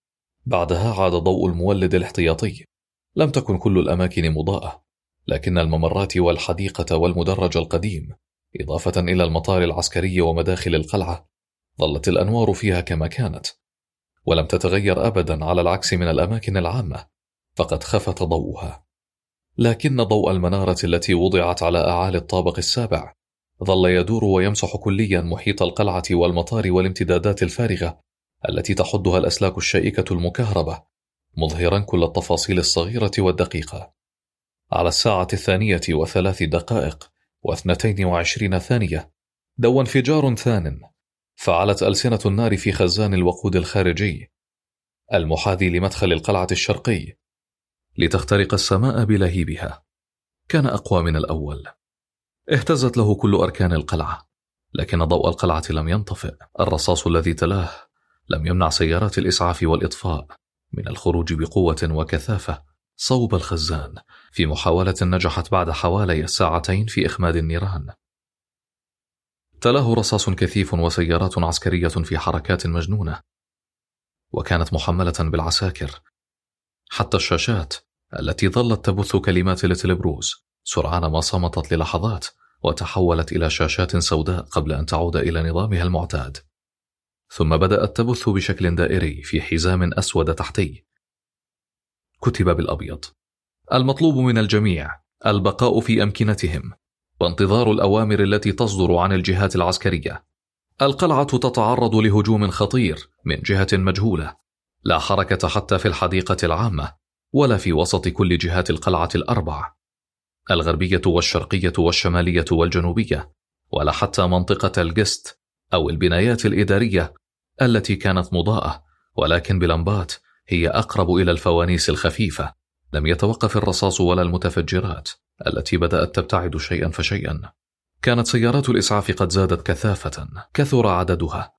بعدها عاد ضوء المولد الاحتياطي. لم تكن كل الأماكن مضاءة، لكن الممرات والحديقة والمدرج القديم إضافة إلى المطار العسكري ومداخل القلعة ظلت الأنوار فيها كما كانت، ولم تتغير أبدا على العكس من الأماكن العامة، فقد خفت ضوءها. لكن ضوء المنارة التي وضعت على أعالي الطابق السابع ظل يدور ويمسح كليا محيط القلعة والمطار والامتدادات الفارغة التي تحدها الأسلاك الشائكة المكهربة، مظهرا كل التفاصيل الصغيرة والدقيقة. على الساعة الثانية وثلاث دقائق واثنتين وعشرين ثانية دو انفجار ثان فعلت ألسنة النار في خزان الوقود الخارجي المحاذي لمدخل القلعة الشرقي لتخترق السماء بلهيبها. كان أقوى من الأول. اهتزت له كل أركان القلعة، لكن ضوء القلعة لم ينطفئ. الرصاص الذي تلاه لم يمنع سيارات الإسعاف والإطفاء من الخروج بقوة وكثافة صوب الخزان في محاولة نجحت بعد حوالي ساعتين في إخماد النيران. تلاه رصاص كثيف وسيارات عسكرية في حركات مجنونة، وكانت محملة بالعساكر. حتى الشاشات التي ظلت تبث كلمات لتلبروز سرعان ما صمتت للحظات وتحولت إلى شاشات سوداء قبل أن تعود إلى نظامها المعتاد. ثم بدأت تبث بشكل دائري في حزام أسود تحتي. كتب بالأبيض: المطلوب من الجميع البقاء في أمكنتهم وانتظار الأوامر التي تصدر عن الجهات العسكرية. القلعة تتعرض لهجوم خطير من جهة مجهولة، لا حركة حتى في الحديقة العامة ولا في وسط كل جهات القلعة الأربع، الغربية والشرقية والشمالية والجنوبية، ولا حتى منطقة الجست أو البنايات الإدارية التي كانت مضاءة ولكن بلمبات هي أقرب إلى الفوانيس الخفيفة. لم يتوقف الرصاص ولا المتفجرات التي بدأت تبتعد شيئا فشيئا. كانت سيارات الإسعاف قد زادت كثافة، كثر عددها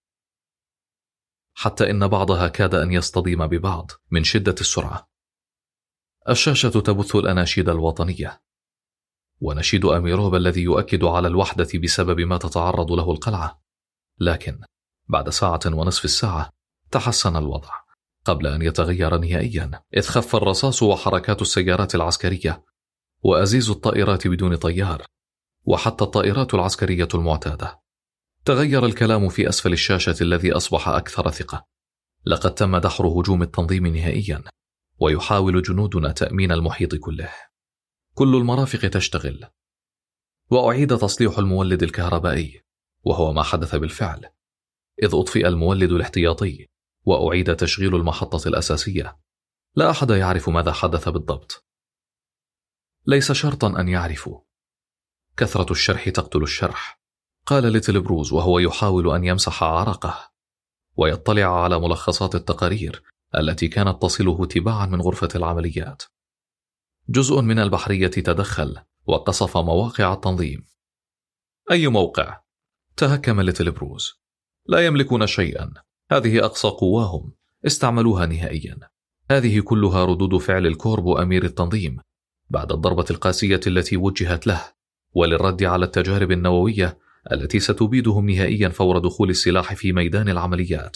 حتى إن بعضها كاد أن يصطدم ببعض من شدة السرعة. الشاشة تبث الأناشيد الوطنية ونشيد أميروب الذي يؤكد على الوحدة بسبب ما تتعرض له القلعة. لكن بعد ساعة ونصف الساعة تحسن الوضع قبل أن يتغير نهائيا، إذ خف الرصاص وحركات السيارات العسكرية وأزيز الطائرات بدون طيار وحتى الطائرات العسكرية المعتادة. تغير الكلام في أسفل الشاشة الذي أصبح أكثر ثقة. لقد تم دحر هجوم التنظيم نهائيا، ويحاول جنودنا تأمين المحيط كله. كل المرافق تشتغل، وأعيد تصليح المولد الكهربائي، وهو ما حدث بالفعل، إذ أطفئ المولد الاحتياطي وأعيد تشغيل المحطة الأساسية. لا أحد يعرف ماذا حدث بالضبط. ليس شرطا أن يعرفوا. كثرة الشرح تقتل الشرح، قال ليتل بروز وهو يحاول أن يمسح عرقه ويطلع على ملخصات التقارير التي كانت تصله تباعا من غرفة العمليات. جزء من البحرية تدخل وقصف مواقع التنظيم. أي موقع؟ تهكم ليتل بروز. لا يملكون شيئا، هذه أقصى قواهم، استعملوها نهائيا. هذه كلها ردود فعل الكورب أمير التنظيم بعد الضربة القاسية التي وجهت له، وللرد على التجارب النووية التي ستبيدهم نهائيا فور دخول السلاح في ميدان العمليات.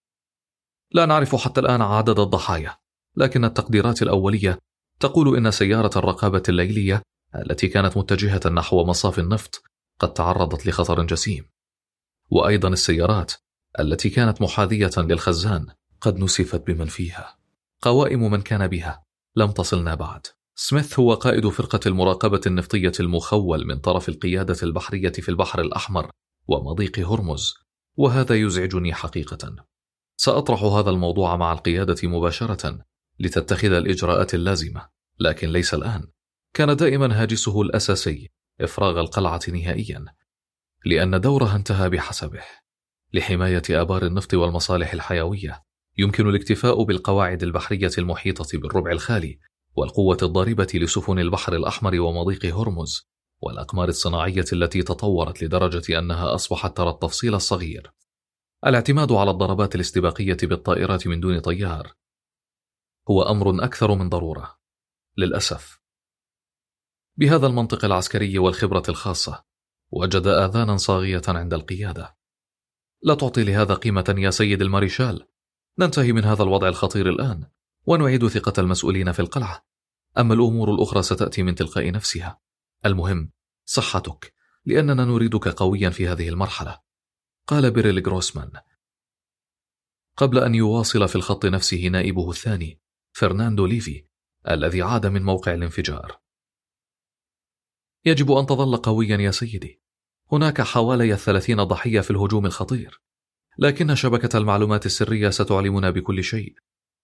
لا نعرف حتى الآن عدد الضحايا، لكن التقديرات الأولية تقول إن سيارة الرقابة الليلية التي كانت متجهة نحو مصاف النفط قد تعرضت لخطر جسيم، وأيضا السيارات التي كانت محاذية للخزان قد نسفت بمن فيها. قوائم من كان بها لم تصلنا بعد. سميث هو قائد فرقة المراقبة النفطية المخول من طرف القيادة البحرية في البحر الأحمر ومضيق هرمز، وهذا يزعجني حقيقة. سأطرح هذا الموضوع مع القيادة مباشرة لتتخذ الإجراءات اللازمة، لكن ليس الآن. كان دائما هاجسه الأساسي إفراغ القلعة نهائيا، لأن دورها انتهى بحسبه. لحماية آبار النفط والمصالح الحيوية يمكن الاكتفاء بالقواعد البحرية المحيطة بالربع الخالي والقوة الضاربة لسفن البحر الأحمر ومضيق هرمز، والأقمار الصناعية التي تطورت لدرجة أنها أصبحت ترى التفصيل الصغير. الاعتماد على الضربات الاستباقية بالطائرات من دون طيار هو أمر أكثر من ضرورة للأسف. بهذا المنطق العسكري والخبرة الخاصة وجد آذانا صاغية عند القيادة. لا تعطي لهذا قيمة يا سيد الماريشال. ننتهي من هذا الوضع الخطير الآن ونعيد ثقة المسؤولين في القلعة، أما الأمور الأخرى ستأتي من تلقاء نفسها. المهم صحتك، لأننا نريدك قويا في هذه المرحلة، قال بيريل غروسمان قبل أن يواصل في الخط نفسه نائبه الثاني فرناندو ليفي الذي عاد من موقع الانفجار. يجب أن تظل قويا يا سيدي. هناك حوالي الثلاثين ضحية في الهجوم الخطير، لكن شبكة المعلومات السرية ستعلمنا بكل شيء.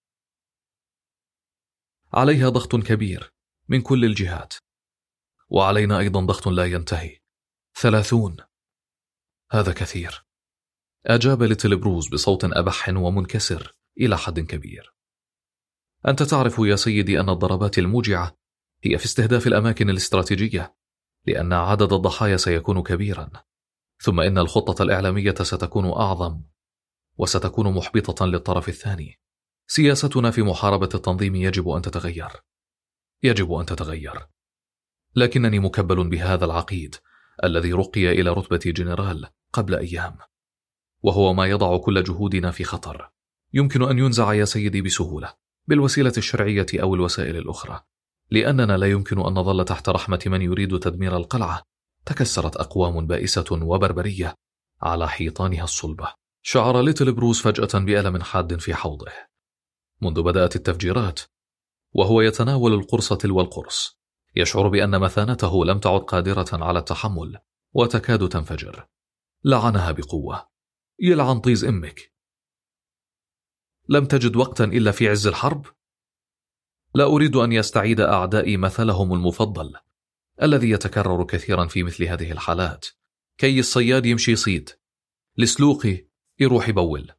عليها ضغط كبير من كل الجهات، وعلينا أيضا ضغط لا ينتهي. ثلاثون، هذا كثير، أجاب ليتل بروز بصوت أبح ومنكسر إلى حد كبير. أنت تعرف يا سيدي أن الضربات الموجعة هي في استهداف الأماكن الاستراتيجية، لأن عدد الضحايا سيكون كبيرا، ثم إن الخطة الإعلامية ستكون أعظم وستكون محبطة للطرف الثاني. سياستنا في محاربة التنظيم يجب أن تتغير، يجب أن تتغير. لكنني مكبل بهذا العقيد الذي رقي إلى رتبة جنرال قبل أيام، وهو ما يضع كل جهودنا في خطر. يمكن أن ينزع يا سيدي بسهولة بالوسيلة الشرعية أو الوسائل الأخرى، لأننا لا يمكن أن نظل تحت رحمة من يريد تدمير القلعة تكسرت أقوام بائسة وبربرية على حيطانها الصلبة. شعر ليتل بروس فجأة بألم حاد في حوضه. منذ بدأت التفجيرات وهو يتناول القرص تلو القرص، يشعر بأن مثانته لم تعد قادرة على التحمل وتكاد تنفجر. لعنها بقوة. يلعن طيز أمك. لم تجد وقتا إلا في عز الحرب؟ لا أريد أن يستعيد أعدائي مثلهم المفضل الذي يتكرر كثيرا في مثل هذه الحالات: كي الصياد يمشي صيد، لسلوقي يروح بول.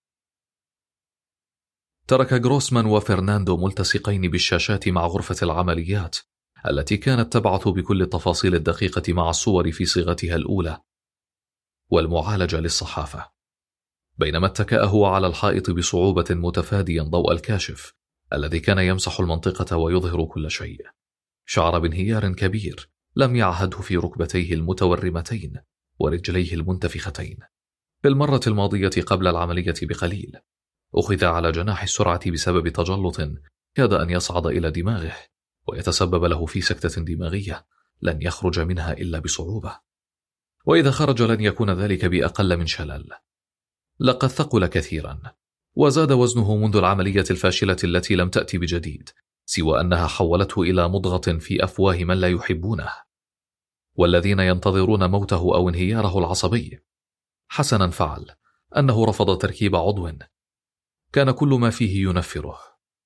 ترك غروسمان وفرناندو ملتصقين بالشاشات مع غرفة العمليات التي كانت تبعث بكل التفاصيل الدقيقة مع الصور في صيغتها الأولى والمعالجة للصحافة، بينما اتكأ هو على الحائط بصعوبة متفاديا ضوء الكاشف الذي كان يمسح المنطقة ويظهر كل شيء. شعر بانهيار كبير لم يعهده في ركبتيه المتورمتين ورجليه المنتفختين. في المرة الماضية قبل العملية بقليل أخذ على جناح السرعة بسبب تجلط كاد أن يصعد إلى دماغه ويتسبب له في سكتة دماغية لن يخرج منها إلا بصعوبة، وإذا خرج لن يكون ذلك بأقل من شلل. لقد ثقل كثيرا وزاد وزنه منذ العملية الفاشلة التي لم تأتي بجديد سوى أنها حولته إلى مضغة في أفواه من لا يحبونه والذين ينتظرون موته أو انهياره العصبي. حسنا فعل أنه رفض تركيب عضو كان كل ما فيه ينفره.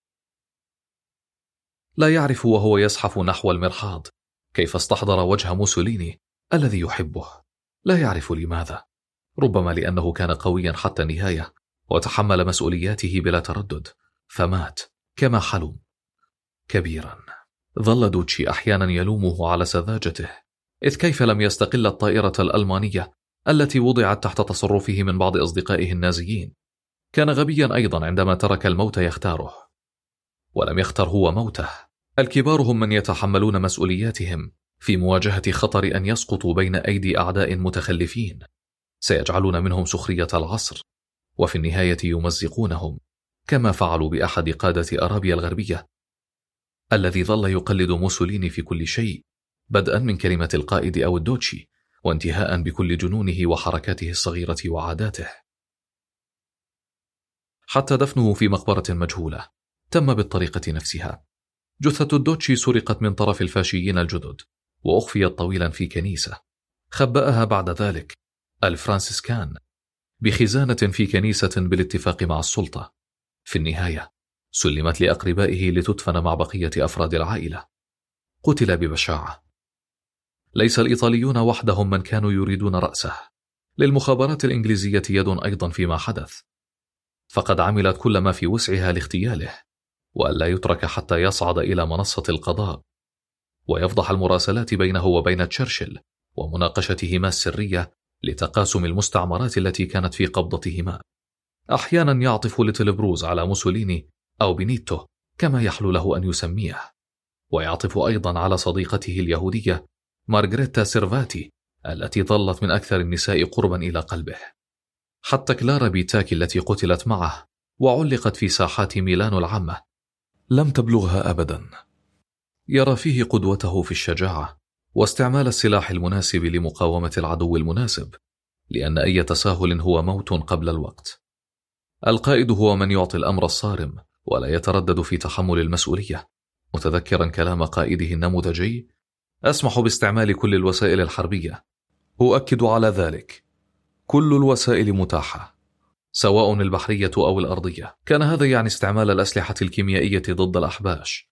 لا يعرف وهو يزحف نحو المرحاض كيف استحضر وجه موسوليني الذي يحبه. لا يعرف لماذا، ربما لأنه كان قويا حتى النهاية وتحمل مسؤولياته بلا تردد، فمات كما حلم كبيرا. ظل دوتشي أحيانا يلومه على سذاجته، إذ كيف لم يستقل الطائرة الألمانية التي وضعت تحت تصرفه من بعض أصدقائه النازيين. كان غبيا أيضا عندما ترك الموت يختاره، ولم يختر هو موته. الكبار هم من يتحملون مسؤولياتهم في مواجهة خطر أن يسقطوا بين أيدي أعداء متخلفين سيجعلون منهم سخرية العصر، وفي النهاية يمزقونهم كما فعلوا بأحد قادة أرابيا الغربية الذي ظل يقلد موسوليني في كل شيء، بدءا من كلمة القائد أو الدوتشي وانتهاء بكل جنونه وحركاته الصغيرة وعاداته. حتى دفنه في مقبرة مجهولة تم بالطريقة نفسها. جثة الدوتشي سرقت من طرف الفاشيين الجدد وأخفيت طويلا في كنيسة، خبأها بعد ذلك الفرانسيسكان بخزانة في كنيسة بالاتفاق مع السلطة. في النهاية سلمت لأقربائه لتدفن مع بقية أفراد العائلة. قتل ببشاعة. ليس الإيطاليون وحدهم من كانوا يريدون رأسه، للمخابرات الإنجليزية يد أيضا فيما حدث، فقد عملت كل ما في وسعها لاغتياله وألا يترك حتى يصعد إلى منصة القضاء ويفضح المراسلات بينه وبين تشرشل ومناقشتهما السرية لتقاسم المستعمرات التي كانت في قبضتهما. أحيانا يعطف ليتل بروز على موسوليني أو بينيتو كما يحلو له أن يسميه، ويعطف أيضا على صديقته اليهودية مارغريتا سيرفاتي التي ظلت من أكثر النساء قربا إلى قلبه. حتى كلارا بيتاكي التي قتلت معه وعلقت في ساحات ميلانو العامة لم تبلغها أبدا. يرى فيه قدوته في الشجاعة واستعمال السلاح المناسب لمقاومة العدو المناسب، لأن أي تساهل هو موت قبل الوقت. القائد هو من يعطي الأمر الصارم ولا يتردد في تحمل المسؤولية، متذكرا كلام قائده النموذجي: أسمح باستعمال كل الوسائل الحربية، أؤكد على ذلك، كل الوسائل متاحة سواء البحرية أو الأرضية. كان هذا يعني استعمال الأسلحة الكيميائية ضد الأحباش،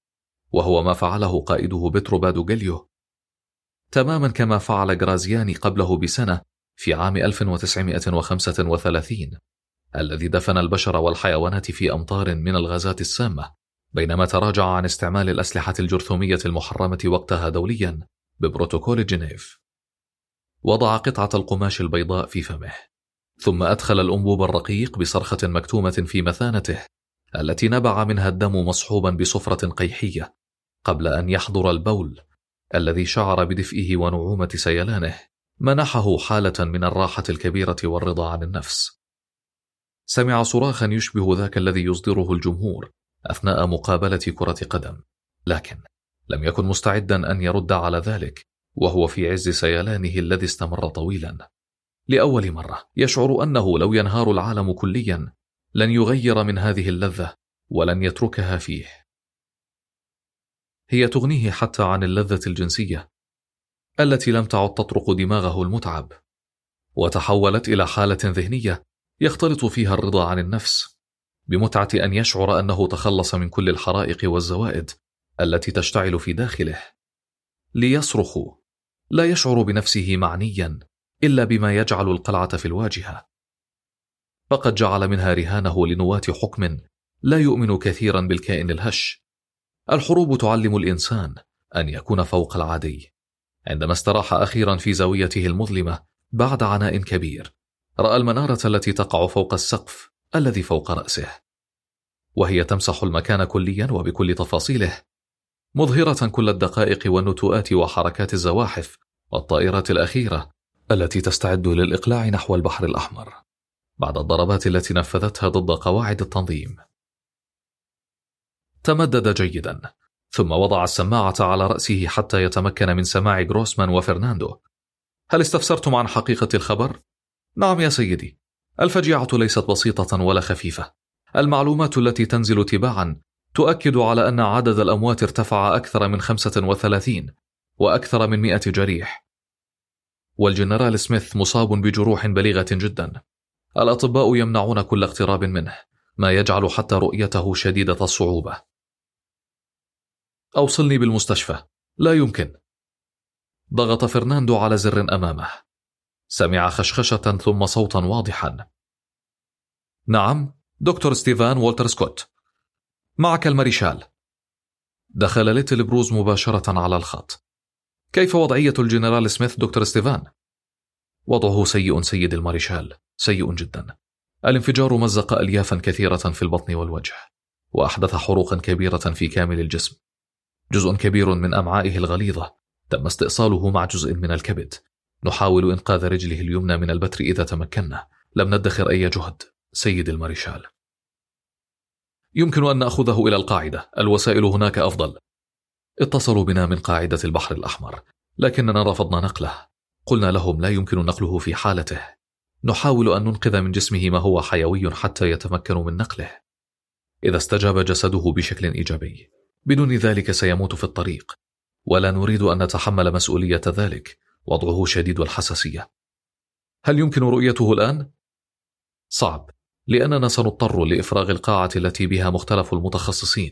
وهو ما فعله قائده بيترو بادوغيليو، تماما كما فعل غرازياني قبله بسنة في عام ألف وتسعمائة وخمسة وثلاثين، الذي دفن البشر والحيوانات في أمطار من الغازات السامة، بينما تراجع عن استعمال الأسلحة الجرثومية المحرمة وقتها دوليا ببروتوكول جنيف. وضع قطعة القماش البيضاء في فمه، ثم أدخل الأنبوب الرقيق بصرخة مكتومة في مثانته التي نبع منها الدم مصحوبا بصفرة قيحية قبل أن يحضر البول الذي شعر بدفئه ونعومة سيلانه، منحه حالة من الراحة الكبيرة والرضا عن النفس. سمع صراخا يشبه ذاك الذي يصدره الجمهور أثناء مقابلة كرة قدم، لكن لم يكن مستعدا أن يرد على ذلك وهو في عز سيلانه الذي استمر طويلا. لأول مرة يشعر أنه لو ينهار العالم كليا لن يغير من هذه اللذة ولن يتركها فيه. هي تغنيه حتى عن اللذة الجنسية التي لم تعد تطرق دماغه المتعب، وتحولت إلى حالة ذهنية يختلط فيها الرضا عن النفس بمتعة أن يشعر أنه تخلص من كل الحرائق والزوائد التي تشتعل في داخله. ليصرخ لا يشعر بنفسه معنيا إلا بما يجعل القلعة في الواجهة، فقد جعل منها رهانه لنواة حكم لا يؤمن كثيرا بالكائن الهش. الحروب تعلم الإنسان أن يكون فوق العادي. عندما استراح أخيرا في زاويته المظلمة بعد عناء كبير، رأى المنارة التي تقع فوق السقف الذي فوق رأسه، وهي تمسح المكان كليا وبكل تفاصيله، مظهرة كل الدقائق والنتوءات وحركات الزواحف والطائرات الأخيرة التي تستعد للإقلاع نحو البحر الأحمر بعد الضربات التي نفذتها ضد قواعد التنظيم. تمدد جيدا، ثم وضع السماعة على رأسه حتى يتمكن من سماع غروسمان وفرناندو. هل استفسرتم عن حقيقة الخبر؟ نعم يا سيدي، الفجيعة ليست بسيطة ولا خفيفة. المعلومات التي تنزل تباعا تؤكد على أن عدد الأموات ارتفع أكثر من خمسة وثلاثين وأكثر من مئة جريح، والجنرال سميث مصاب بجروح بليغة جدا. الأطباء يمنعون كل اقتراب منه، ما يجعل حتى رؤيته شديدة الصعوبة. أوصلني بالمستشفى. لا يمكن. ضغط فرناندو على زر أمامه. سمع خشخشة ثم صوتا واضحا. نعم، دكتور ستيفان والتر سكوت. معك الماريشال. دخل ليتل بروز مباشرة على الخط. كيف وضعية الجنرال سميث دكتور ستيفان؟ وضعه سيء سيد الماريشال، سيء جدا. الانفجار مزق أليافا كثيرة في البطن والوجه، وأحدث حروقا كبيرة في كامل الجسم. جزء كبير من أمعائه الغليظة تم استئصاله مع جزء من الكبد. نحاول إنقاذ رجله اليمنى من البتر إذا تمكنا. لم ندخر أي جهد سيد الماريشال. يمكن أن نأخذه إلى القاعدة، الوسائل هناك أفضل. اتصلوا بنا من قاعدة البحر الأحمر، لكننا رفضنا نقله. قلنا لهم لا يمكن نقله في حالته. نحاول أن ننقذ من جسمه ما هو حيوي حتى يتمكن من نقله. إذا استجاب جسده بشكل إيجابي، بدون ذلك سيموت في الطريق، ولا نريد أن نتحمل مسؤولية ذلك. وضعه شديد الحساسية. هل يمكن رؤيته الآن؟ صعب، لأننا سنضطر لإفراغ القاعة التي بها مختلف المتخصصين،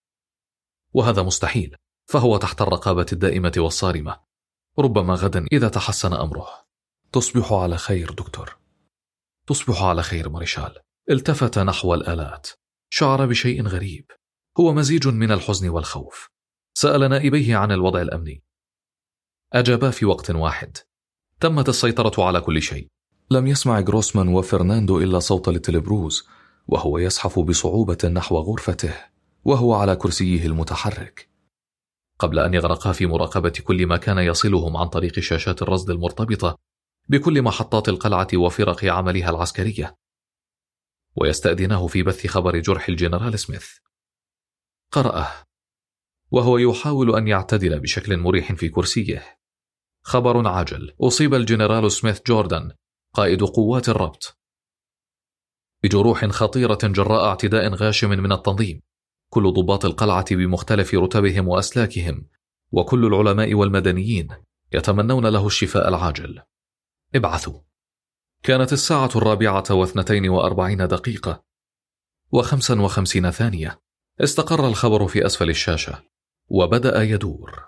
وهذا مستحيل، فهو تحت الرقابة الدائمة والصارمة. ربما غدا إذا تحسن أمره. تصبح على خير دكتور. تصبح على خير ماريشال. التفت نحو الآلات. شعر بشيء غريب، هو مزيج من الحزن والخوف. سأل نائبيه عن الوضع الأمني. أجابا في وقت واحد. تمت السيطرة على كل شيء. لم يسمع غروسمان وفرناندو إلا صوت ليتل بروز وهو يزحف بصعوبة نحو غرفته وهو على كرسيه المتحرك، قبل أن يغرقا في مراقبة كل ما كان يصلهم عن طريق شاشات الرصد المرتبطة بكل محطات القلعة وفرق عملها العسكرية، ويستأذنه في بث خبر جرح الجنرال سميث. قرأه وهو يحاول أن يعتدل بشكل مريح في كرسيه. خبر عاجل: أصيب الجنرال سميث جوردن قائد قوات الربط بجروح خطيرة جراء اعتداء غاشم من التنظيم. كل ضباط القلعة بمختلف رتبهم وأسلاكهم وكل العلماء والمدنيين يتمنون له الشفاء العاجل. ابعثوا. كانت الساعة الرابعة واثنتين وأربعين دقيقة وخمسا وخمسين ثانية. استقر الخبر في أسفل الشاشة وبدأ يدور.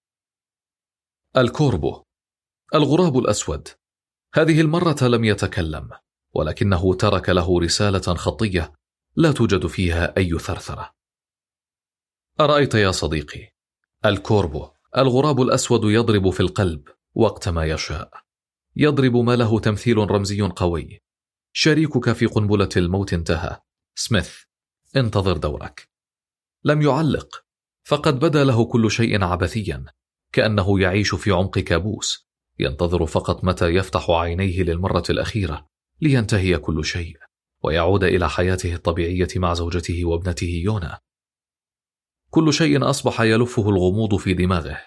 الكوربو، الغراب الأسود. هذه المرة لم يتكلم، ولكنه ترك له رسالة خطية لا توجد فيها أي ثرثرة. أرأيت يا صديقي؟ الكوربو، الغراب الأسود، يضرب في القلب وقت ما يشاء. يضرب ما له تمثيل رمزي قوي. شريكك في قنبلة الموت انتهى. سميث، انتظر دورك. لم يعلق، فقد بدا له كل شيء عبثيا، كأنه يعيش في عمق كابوس، ينتظر فقط متى يفتح عينيه للمرة الأخيرة لينتهي كل شيء ويعود إلى حياته الطبيعية مع زوجته وابنته يونا. كل شيء أصبح يلفه الغموض في دماغه.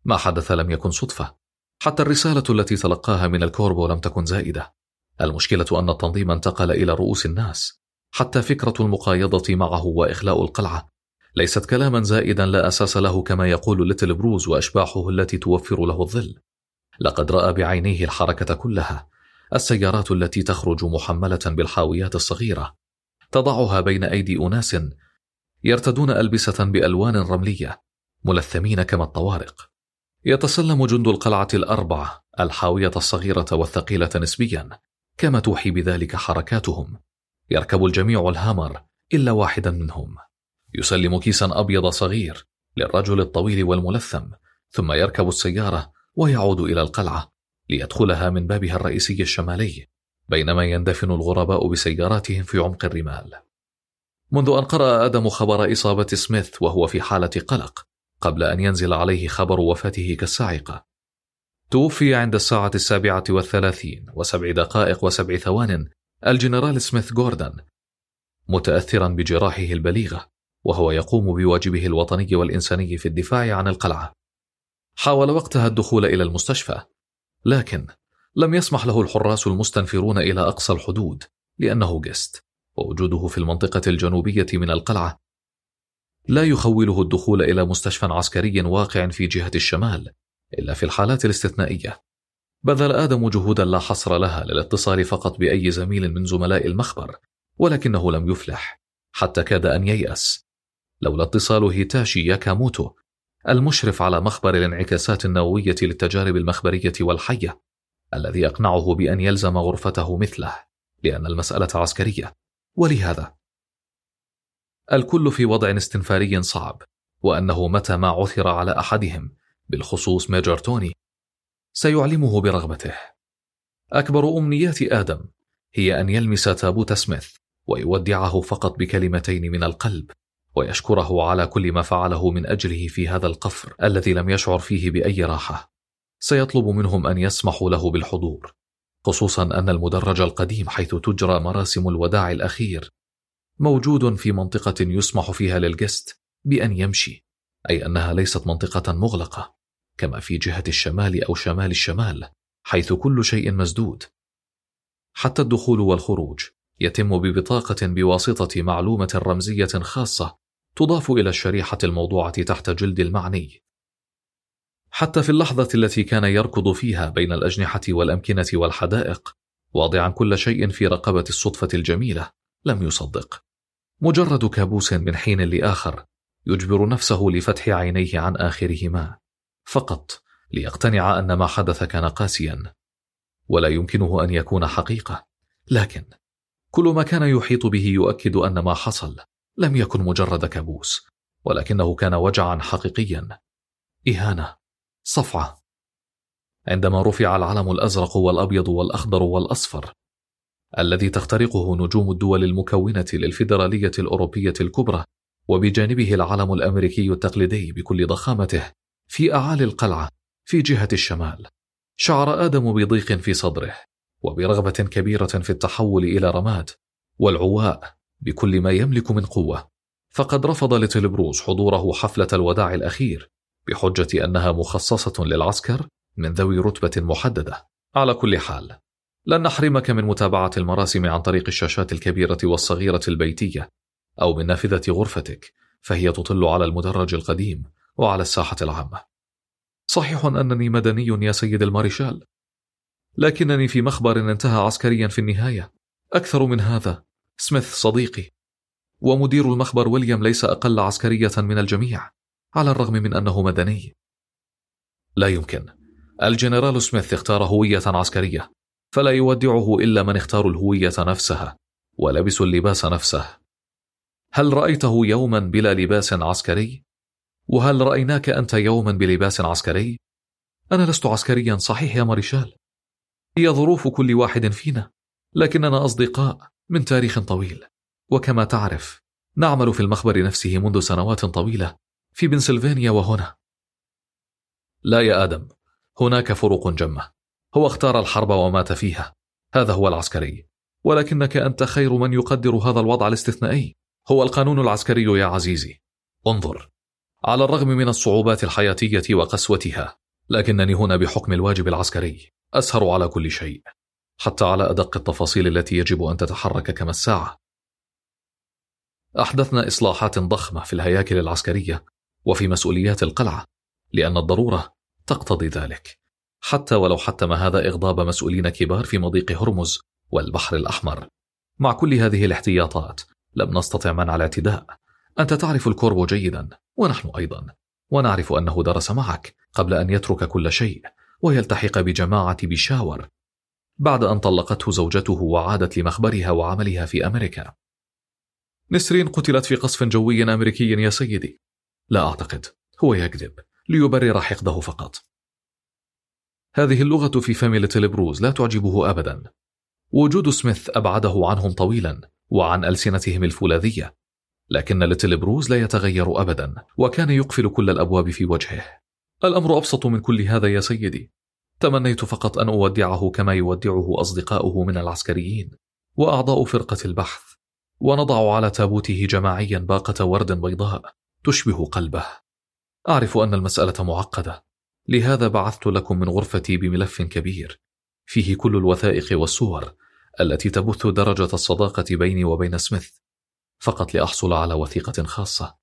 ما حدث لم يكن صدفة، حتى الرسالة التي تلقاها من الكوربو لم تكن زائدة. المشكلة أن التنظيم انتقل إلى رؤوس الناس، حتى فكرة المقايضة معه وإخلاء القلعة ليست كلاما زائدا لا أساس له كما يقول ليتل بروز وأشباحه التي توفر له الظل. لقد رأى بعينيه الحركة كلها، السيارات التي تخرج محملة بالحاويات الصغيرة تضعها بين أيدي أناس يرتدون ألبسة بألوان رملية ملثمين كما الطوارق. يتسلم جند القلعة الأربعة الحاوية الصغيرة والثقيلة نسبيا كما توحي بذلك حركاتهم. يركب الجميع الهامر إلا واحدا منهم، يسلم كيسا أبيض صغير للرجل الطويل والملثم، ثم يركب السيارة ويعود إلى القلعة ليدخلها من بابها الرئيسي الشمالي، بينما يندفن الغرباء بسياراتهم في عمق الرمال. منذ أن قرأ آدم خبر إصابة سميث وهو في حالة قلق قبل أن ينزل عليه خبر وفاته كالصاعقة. توفي عند الساعة السابعة والثلاثين وسبع دقائق وسبع ثوان الجنرال سميث جوردن، متأثرا بجراحه البليغة وهو يقوم بواجبه الوطني والإنساني في الدفاع عن القلعة. حاول وقتها الدخول إلى المستشفى، لكن لم يسمح له الحراس المستنفرون إلى أقصى الحدود لأنه جست، ووجوده في المنطقة الجنوبية من القلعة لا يخوله الدخول إلى مستشفى عسكري واقع في جهة الشمال إلا في الحالات الاستثنائية. بذل آدم جهودا لا حصر لها للاتصال فقط بأي زميل من زملاء المخبر، ولكنه لم يفلح، حتى كاد أن ييأس لولا اتصال هيتاشي ياكاموتو المشرف على مخبر الانعكاسات النووية للتجارب المخبرية والحية، الذي أقنعه بأن يلزم غرفته مثله لأن المسألة عسكرية. ولهذا الكل في وضع استنفاري صعب، وأنه متى ما عثر على أحدهم بالخصوص ميجر توني سيعلمه برغبته. أكبر أمنيات آدم هي أن يلمس تابوت سميث ويودعه فقط بكلمتين من القلب، ويشكره على كل ما فعله من أجله في هذا القفر الذي لم يشعر فيه بأي راحة. سيطلب منهم أن يسمحوا له بالحضور، خصوصا أن المدرج القديم حيث تجرى مراسم الوداع الأخير موجود في منطقة يسمح فيها للجست بأن يمشي، أي أنها ليست منطقة مغلقة كما في جهة الشمال أو شمال الشمال حيث كل شيء مسدود. حتى الدخول والخروج يتم ببطاقة بواسطة معلومة رمزية خاصة تضاف إلى الشريحة الموضوعة تحت جلد المعني. حتى في اللحظة التي كان يركض فيها بين الأجنحة والأمكنة والحدائق واضعا كل شيء في رقبة الصدفة الجميلة لم يصدق. مجرد كابوس من حين لآخر يجبر نفسه لفتح عينيه عن آخرهما فقط ليقتنع أن ما حدث كان قاسيا ولا يمكنه أن يكون حقيقة. لكن كل ما كان يحيط به يؤكد أن ما حصل لم يكن مجرد كابوس، ولكنه كان وجعا حقيقيا، إهانة، صفعة. عندما رفع العلم الأزرق والأبيض والأخضر والأصفر الذي تخترقه نجوم الدول المكونة للفيدرالية الأوروبية الكبرى، وبجانبه العلم الأمريكي التقليدي بكل ضخامته في أعالي القلعة في جهة الشمال، شعر آدم بضيق في صدره وبرغبة كبيرة في التحول إلى رماد والعواء بكل ما يملك من قوة. فقد رفض ليتل بروز حضوره حفلة الوداع الأخير بحجة أنها مخصصة للعسكر من ذوي رتبة محددة. على كل حال، لن نحرمك من متابعة المراسم عن طريق الشاشات الكبيرة والصغيرة البيتية أو من نافذة غرفتك، فهي تطل على المدرج القديم وعلى الساحة العامة. صحيح أنني مدني يا سيد المارشال، لكنني في مخبر انتهى عسكريا في النهاية. أكثر من هذا، سميث صديقي، ومدير المخبر ويليام ليس أقل عسكرية من الجميع على الرغم من أنه مدني. لا يمكن. الجنرال سميث اختار هوية عسكرية، فلا يودعه إلا من اختار الهوية نفسها ولبس اللباس نفسه. هل رأيته يوما بلا لباس عسكري؟ وهل رأيناك أنت يوما بلباس عسكري؟ أنا لست عسكريا صحيح يا مارشال، هي ظروف كل واحد فينا، لكننا أصدقاء من تاريخ طويل، وكما تعرف نعمل في المخبر نفسه منذ سنوات طويلة في بنسلفانيا وهنا. لا يا آدم، هناك فروق جمة. هو اختار الحرب ومات فيها، هذا هو العسكري، ولكنك أنت خير من يقدر هذا الوضع الاستثنائي. هو القانون العسكري يا عزيزي. انظر، على الرغم من الصعوبات الحياتية وقسوتها، لكنني هنا بحكم الواجب العسكري أسهر على كل شيء، حتى على أدق التفاصيل التي يجب أن تتحرك كما الساعة. أحدثنا إصلاحات ضخمة في الهياكل العسكرية وفي مسؤوليات القلعة، لأن الضرورة تقتضي ذلك، حتى ولو حتم هذا إغضاب مسؤولين كبار في مضيق هرمز والبحر الأحمر. مع كل هذه الاحتياطات لم نستطع منع الاعتداء. أنت تعرف الكوربو جيدا، ونحن أيضا، ونعرف أنه درس معك قبل أن يترك كل شيء ويلتحق بجماعة بيشاور بعد أن طلقته زوجته وعادت لمخبرها وعملها في أمريكا. نسرين قتلت في قصف جوي أمريكي يا سيدي. لا أعتقد، هو يكذب ليبرر حقده فقط. هذه اللغة في فم ليتل بروز لا تعجبه أبدا. وجود سميث أبعده عنهم طويلا وعن ألسنتهم الفولاذية، لكن ليتل بروز لا يتغير أبدا، وكان يقفل كل الأبواب في وجهه. الأمر أبسط من كل هذا يا سيدي. تمنيت فقط أن أودعه كما يودعه أصدقاؤه من العسكريين وأعضاء فرقة البحث، ونضع على تابوته جماعيا باقة ورد بيضاء تشبه قلبه. أعرف أن المسألة معقدة، لهذا بعثت لكم من غرفتي بملف كبير فيه كل الوثائق والصور التي تبث درجة الصداقة بيني وبين سميث، فقط لأحصل على وثيقة خاصة.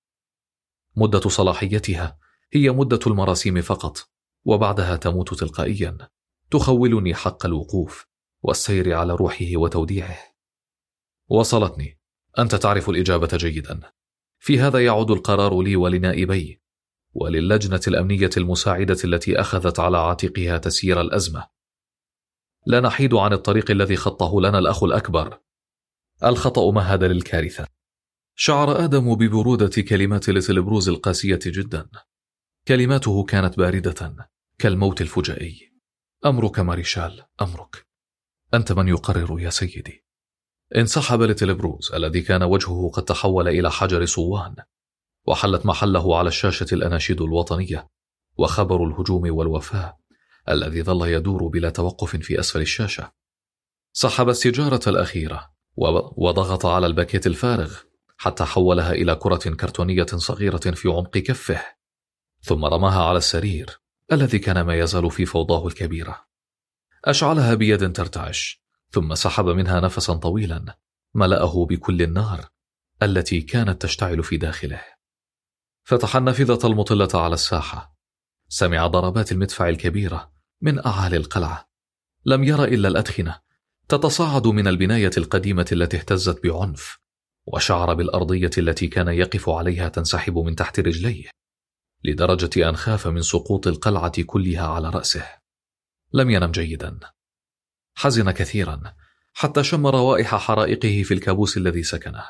مدة صلاحيتها هي مدة المراسيم فقط، وبعدها تموت تلقائيا، تخولني حق الوقوف والسير على روحه وتوديعه. وصلتني. أنت تعرف الإجابة جيدا. في هذا يعود القرار لي ولنائبي وللجنة الأمنية المساعدة التي أخذت على عاتقها تسيير الأزمة. لا نحيد عن الطريق الذي خطه لنا الأخ الأكبر. الخطأ مهد للكارثة. شعر آدم ببرودة كلمات ليتل بروز القاسية جدا. كلماته كانت باردة كالموت الفجائي. أمرك ماريشال، أمرك. أنت من يقرر يا سيدي. انسحب ليتل بروز الذي كان وجهه قد تحول إلى حجر صوان، وحلت محله على الشاشة الأناشيد الوطنية وخبر الهجوم والوفاة الذي ظل يدور بلا توقف في أسفل الشاشة. سحب السيجارة الأخيرة وضغط على الباكيت الفارغ حتى حولها إلى كرة كرتونية صغيرة في عمق كفه، ثم رماها على السرير الذي كان ما يزال في فوضاه الكبيرة. أشعلها بيد ترتعش، ثم سحب منها نفسا طويلا ملأه بكل النار التي كانت تشتعل في داخله. فتح النافذة المطلة على الساحة. سمع ضربات المدفع الكبيرة من أعالي القلعة. لم ير إلا الأدخنة تتصاعد من البناية القديمة التي اهتزت بعنف، وشعر بالأرضية التي كان يقف عليها تنسحب من تحت رجليه، لدرجة أن خاف من سقوط القلعة كلها على رأسه. لم ينم جيدا. حزن كثيرا حتى شم روائح حرائقه في الكابوس الذي سكنه.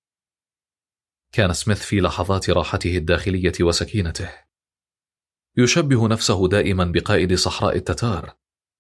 كان سميث في لحظات راحته الداخلية وسكينته يشبه نفسه دائما بقائد صحراء التتار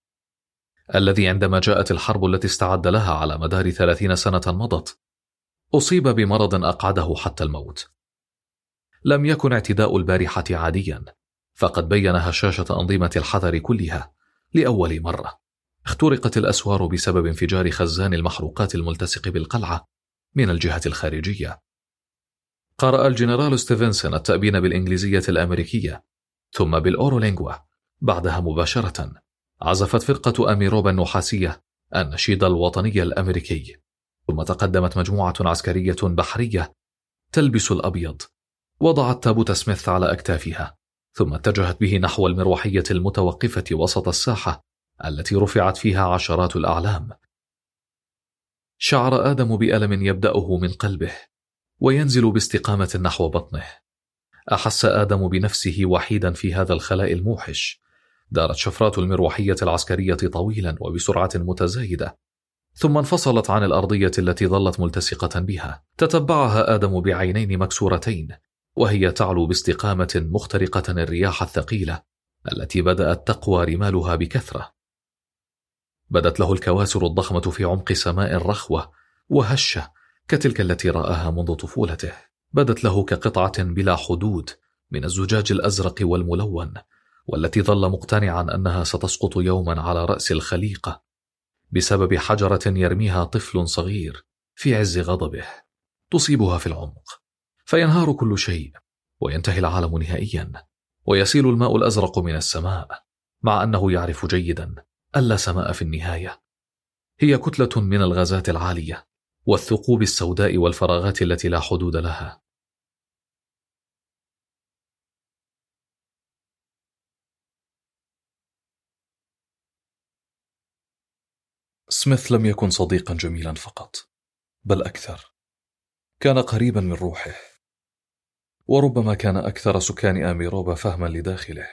الذي عندما جاءت الحرب التي استعد لها على مدار ثلاثين سنة مضت أصيب بمرض أقعده حتى الموت. لم يكن اعتداء البارحة عاديا، فقد بين هشاشة أنظمة الحذر كلها لأول مرة. اخترقت الأسوار بسبب انفجار خزان المحروقات الملتصق بالقلعة من الجهة الخارجية. قرأ الجنرال ستيفنسون التأبين بالإنجليزية الأمريكية ثم بالأورولينغوا. بعدها مباشرة عزفت فرقة أميروبا النحاسية النشيد الوطني الأمريكي، ثم تقدمت مجموعة عسكرية بحرية تلبس الأبيض، وضعت تابوت سميث على أكتافها، ثم اتجهت به نحو المروحية المتوقفة وسط الساحة التي رفعت فيها عشرات الأعلام. شعر آدم بألم يبدأه من قلبه وينزل باستقامة نحو بطنه. أحس آدم بنفسه وحيدا في هذا الخلاء الموحش. دارت شفرات المروحية العسكرية طويلا وبسرعة متزايدة، ثم انفصلت عن الأرضية التي ظلت ملتصقة بها. تتبعها آدم بعينين مكسورتين وهي تعلو باستقامة مخترقة الرياح الثقيلة التي بدأت تقوى رمالها بكثرة. بدت له الكواسر الضخمة في عمق سماء رخوة وهشة كتلك التي رآها منذ طفولته. بدت له كقطعة بلا حدود من الزجاج الأزرق والملون، والتي ظل مقتنعا أنها ستسقط يوما على رأس الخليقة بسبب حجرة يرميها طفل صغير في عز غضبه، تصيبها في العمق فينهار كل شيء وينتهي العالم نهائيا، ويسيل الماء الأزرق من السماء، مع أنه يعرف جيدا أن لا سماء في النهاية. هي كتلة من الغازات العالية والثقوب السوداء والفراغات التي لا حدود لها. سميث لم يكن صديقا جميلا فقط، بل أكثر. كان قريبا من روحه، وربما كان أكثر سكان أميروبا فهما لداخله.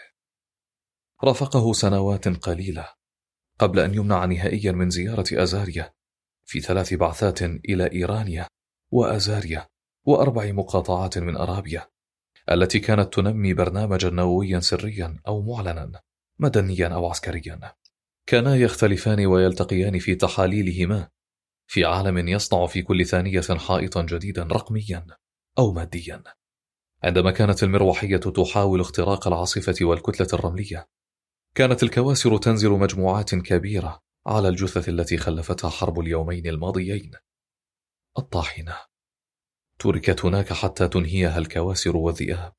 رافقه سنوات قليلة قبل أن يمنع نهائيا من زيارة أزاريا في ثلاث بعثات إلى إيرانيا وأزاريا وأربع مقاطعات من أرابيا التي كانت تنمي برنامجا نوويا سريا أو معلنا، مدنيا أو عسكريا. كانا يختلفان ويلتقيان في تحاليلهما في عالم يصنع في كل ثانية حائطا جديدا رقميا أو ماديا. عندما كانت المروحية تحاول اختراق العاصفة والكتلة الرملية، كانت الكواسر تنزل مجموعات كبيرة على الجثث التي خلفتها حرب اليومين الماضيين. الطاحنة تركت هناك حتى تنهيها الكواسر والذئاب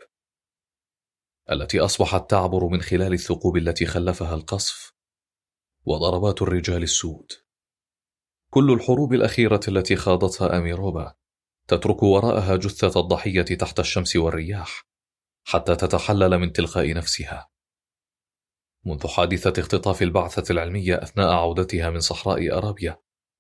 التي أصبحت تعبر من خلال الثقوب التي خلفها القصف وضربات الرجال السود. كل الحروب الأخيرة التي خاضتها أميروبا تترك وراءها جثة الضحية تحت الشمس والرياح حتى تتحلل من تلقاء نفسها. منذ حادثة اختطاف البعثة العلمية أثناء عودتها من صحراء أرابيا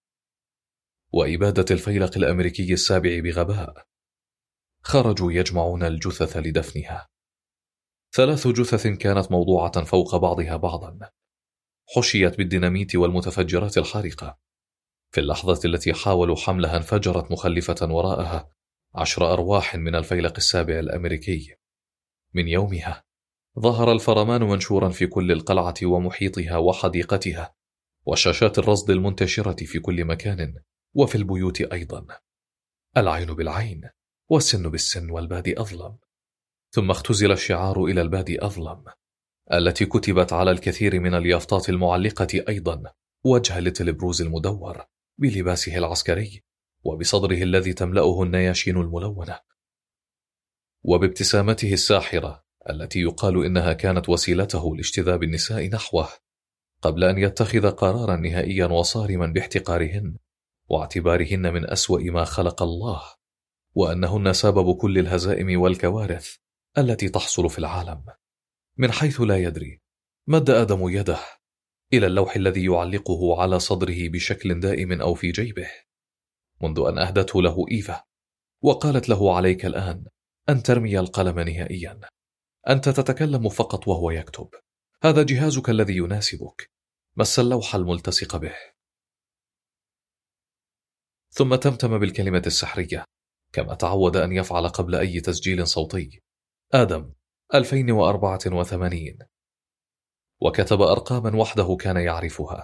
وإبادة الفيلق الأمريكي السابع بغباء، خرجوا يجمعون الجثث لدفنها. ثلاث جثث كانت موضوعة فوق بعضها بعضا، حشيت بالديناميت والمتفجرات الحارقة. في اللحظة التي حاولوا حملها انفجرت مخلفة وراءها عشر أرواح من الفيلق السابع الأمريكي. من يومها ظهر الفرمان منشورا في كل القلعة ومحيطها وحديقتها، وشاشات الرصد المنتشرة في كل مكان وفي البيوت أيضا. العين بالعين والسن بالسن والبادي أظلم. ثم اختزل الشعار إلى البادي أظلم التي كتبت على الكثير من اليافطات المعلقة أيضا وجه ليتل بروز المدور بلباسه العسكري وبصدره الذي تملأه النياشين الملونة وبابتسامته الساحرة التي يقال إنها كانت وسيلته لاجتذاب النساء نحوه قبل أن يتخذ قرارا نهائيا وصارما باحتقارهن واعتبارهن من أسوأ ما خلق الله، وأنهن سبب كل الهزائم والكوارث التي تحصل في العالم. من حيث لا يدري مد آدم يده إلى اللوح الذي يعلقه على صدره بشكل دائم أو في جيبه منذ أن أهدته له إيفا وقالت له: عليك الآن أن ترمي القلم نهائيا، أنت تتكلم فقط وهو يكتب، هذا جهازك الذي يناسبك، مس اللوح الملتصق به. ثم تمتم بالكلمة السحرية كما تعود أن يفعل قبل أي تسجيل صوتي: آدم ألفين وأربعة وثمانين، وكتب أرقاما وحده كان يعرفها.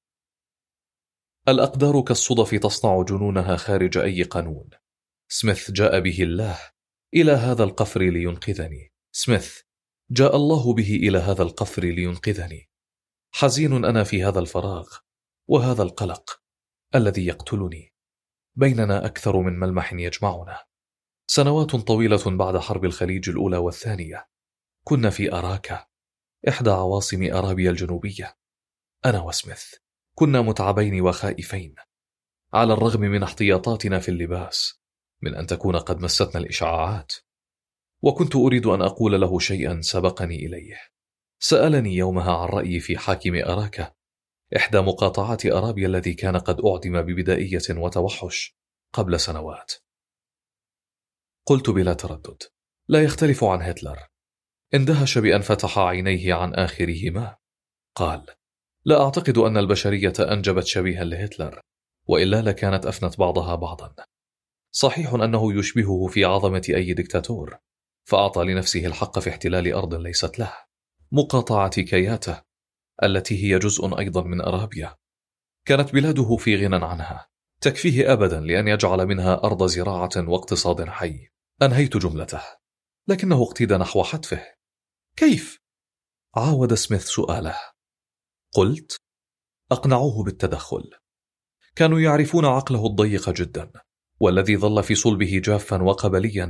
الأقدار كالصدف تصنع جنونها خارج أي قانون. سميث جاء به الله إلى هذا القفر لينقذني. سميث جاء الله به إلى هذا القفر لينقذني. حزين أنا في هذا الفراغ وهذا القلق الذي يقتلني. بيننا أكثر من ملمح يجمعنا. سنوات طويلة بعد حرب الخليج الأولى والثانية كنا في أراكا، إحدى عواصم أرابيا الجنوبية. أنا وسميث كنا متعبين وخائفين على الرغم من احتياطاتنا في اللباس من أن تكون قد مستنا الإشعاعات. وكنت أريد أن أقول له شيئا سبقني إليه. سألني يومها عن رأيي في حاكم أراكا، إحدى مقاطعات أرابيا الذي كان قد أعدم ببدائية وتوحش قبل سنوات. قلت بلا تردد: لا يختلف عن هتلر. اندهش بأن فتح عينيه عن آخرهما. قال: لا أعتقد أن البشرية أنجبت شبيها لهتلر، وإلا لكانت أفنت بعضها بعضا. صحيح أنه يشبهه في عظمة أي دكتاتور، فأعطى لنفسه الحق في احتلال أرض ليست له، مقاطعة كياتا التي هي جزء أيضا من أرابيا. كانت بلاده في غنى عنها، تكفيه أبدا لأن يجعل منها أرض زراعة واقتصاد حي. أنهيت جملته، لكنه اقتدى نحو حتفه. كيف؟ عاود سميث سؤاله. قلت: أقنعوه بالتدخل. كانوا يعرفون عقله الضيق جدا، والذي ظل في صلبه جافا وقبليا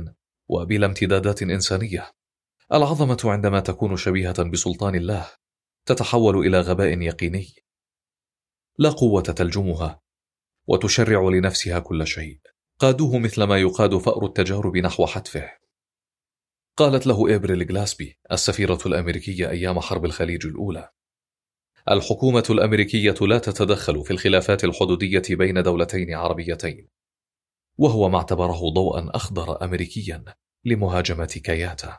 وبلا امتدادات إنسانية. العظمة عندما تكون شبيهة بسلطان الله تتحول إلى غباء يقيني. لا قوة تلجمها وتشرع لنفسها كل شيء. قادوه مثلما يقاد فأر التجارب نحو حتفه. قالت له إبريل غلاسبي السفيرة الأمريكية أيام حرب الخليج الأولى: الحكومة الأمريكية لا تتدخل في الخلافات الحدودية بين دولتين عربيتين. وهو ما اعتبره ضوءا أخضر أمريكيا لمهاجمة كياتا.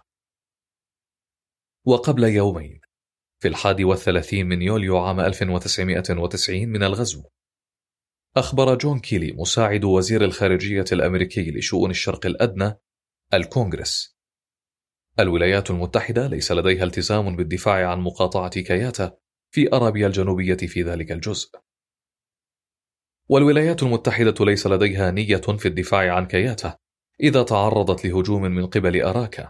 وقبل يومين في الحادي والثلاثين من يوليو عام ألف وتسعمائة وتسعين من الغزو، أخبر جون كيلي مساعد وزير الخارجية الأمريكي لشؤون الشرق الأدنى الكونغرس: الولايات المتحدة ليس لديها التزام بالدفاع عن مقاطعة كياتا في أرابيا الجنوبية في ذلك الجزء. والولايات المتحدة ليس لديها نية في الدفاع عن كياتا إذا تعرضت لهجوم من قبل أراكا.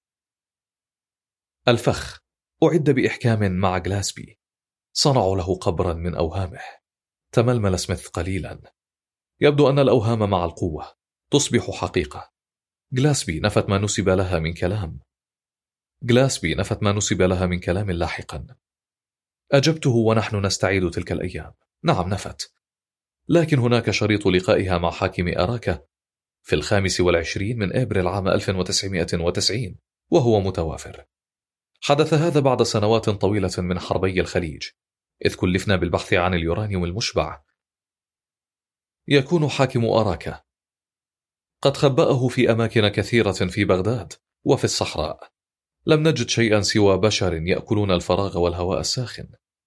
الفخ أعد بإحكام مع غلاسبي. صنعوا له قبرا من أوهامه. تململ سميث قليلا. يبدو أن الأوهام مع القوة تصبح حقيقة. غلاسبي نفت ما نسب لها من كلام. غلاسبي نفت ما نسب لها من كلام لاحقا. أجبته ونحن نستعيد تلك الأيام: نعم نفت، لكن هناك شريط لقائها مع حاكم أراكا في الخامس والعشرين من أبريل عام ألف وتسعمائة وتسعين وهو متوافر. حدث هذا بعد سنوات طويلة من حربي الخليج، إذ كلفنا بالبحث عن اليورانيوم المشبع. يكون حاكم أراكا قد خبأه في أماكن كثيرة في بغداد وفي الصحراء. لم نجد شيئا سوى بشر يأكلون الفراغ والهواء الساخن.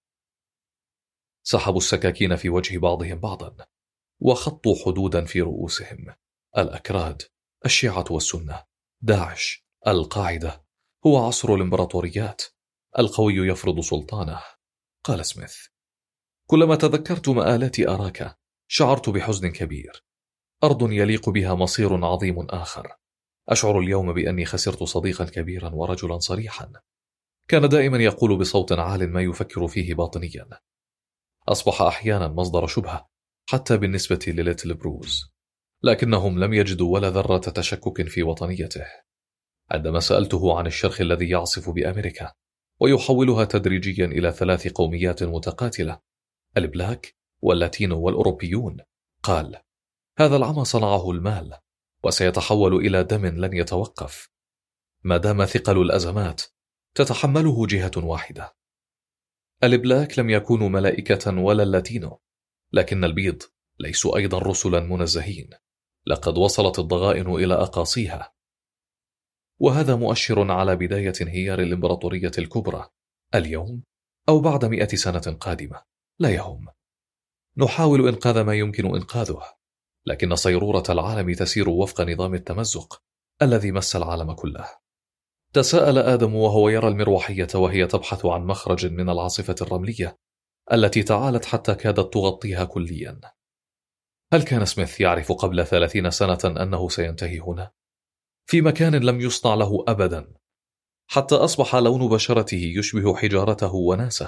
سحبوا السكاكين في وجه بعضهم بعضا وخطوا حدودا في رؤوسهم. الأكراد، الشيعة والسنة، داعش، القاعدة. هو عصر الإمبراطوريات. القوي يفرض سلطانه. قال سميث: كلما تذكرت مآلات أراكا شعرت بحزن كبير. أرض يليق بها مصير عظيم آخر. أشعر اليوم بأني خسرت صديقا كبيرا ورجلا صريحا. كان دائما يقول بصوت عال ما يفكر فيه باطنيا. أصبح أحيانا مصدر شبهة حتى بالنسبة لليتل بروز، لكنهم لم يجدوا ولا ذرة تشكك في وطنيته. عندما سألته عن الشرخ الذي يعصف بأمريكا ويحولها تدريجيا إلى ثلاث قوميات متقاتلة: البلاك واللاتينو والأوروبيون، قال: هذا العمى صنعه المال وسيتحول إلى دم لن يتوقف ما دام ثقل الأزمات تتحمله جهة واحدة. البلاك لم يكونوا ملائكة ولا اللاتينو، لكن البيض ليسوا أيضا رسلا منزهين. لقد وصلت الضغائن إلى أقاصيها، وهذا مؤشر على بداية انهيار الإمبراطورية الكبرى اليوم أو بعد مئة سنة قادمة. لا يهم. نحاول إنقاذ ما يمكن إنقاذه، لكن صيرورة العالم تسير وفق نظام التمزق الذي مس العالم كله. تساءل آدم وهو يرى المروحية وهي تبحث عن مخرج من العاصفة الرملية التي تعالت حتى كادت تغطيها كليا. هل كان سميث يعرف قبل ثلاثين سنة أنه سينتهي هنا؟ في مكان لم يصنع له أبدا، حتى أصبح لون بشرته يشبه حجارته وناسه.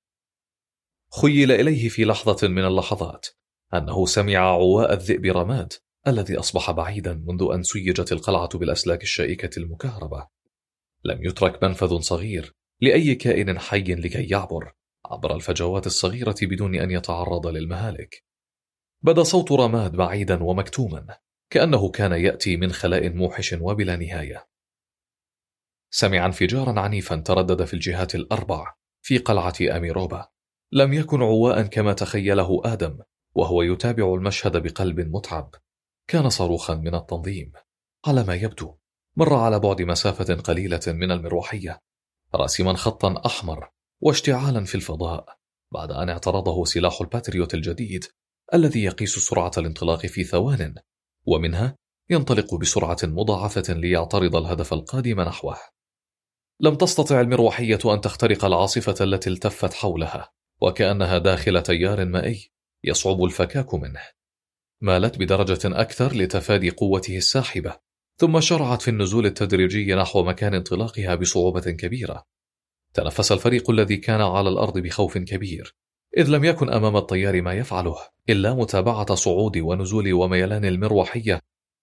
خيل إليه في لحظة من اللحظات أنه سمع عواء الذئب رماد الذي أصبح بعيدا منذ أن سيجت القلعة بالأسلاك الشائكة المكهربة. لم يترك منفذ صغير لأي كائن حي لكي يعبر عبر الفجوات الصغيرة بدون أن يتعرض للمهالك. بدا صوت رماد بعيدا ومكتوما كأنه كان يأتي من خلاء موحش وبلا نهاية. سمع انفجارا عنيفا تردد في الجهات الأربع في قلعة أميروبا. لم يكن عواء كما تخيله آدم وهو يتابع المشهد بقلب متعب. كان صاروخا من التنظيم. على ما يبدو مر على بعد مسافة قليلة من المروحية، راسما خطا أحمر واشتعالا في الفضاء، بعد أن اعترضه سلاح الباتريوت الجديد الذي يقيس سرعة الانطلاق في ثوان، ومنها ينطلق بسرعة مضاعفة ليعترض الهدف القادم نحوه. لم تستطع المروحية أن تخترق العاصفة التي التفت حولها، وكأنها داخل تيار مائي يصعب الفكاك منه. مالت بدرجة أكثر لتفادي قوته الساحبة، ثم شرعت في النزول التدريجي نحو مكان انطلاقها بصعوبة كبيرة. تنفس الفريق الذي كان على الأرض بخوف كبير، إذ لم يكن أمام الطيار ما يفعله إلا متابعة صعود ونزول وميلان المروحية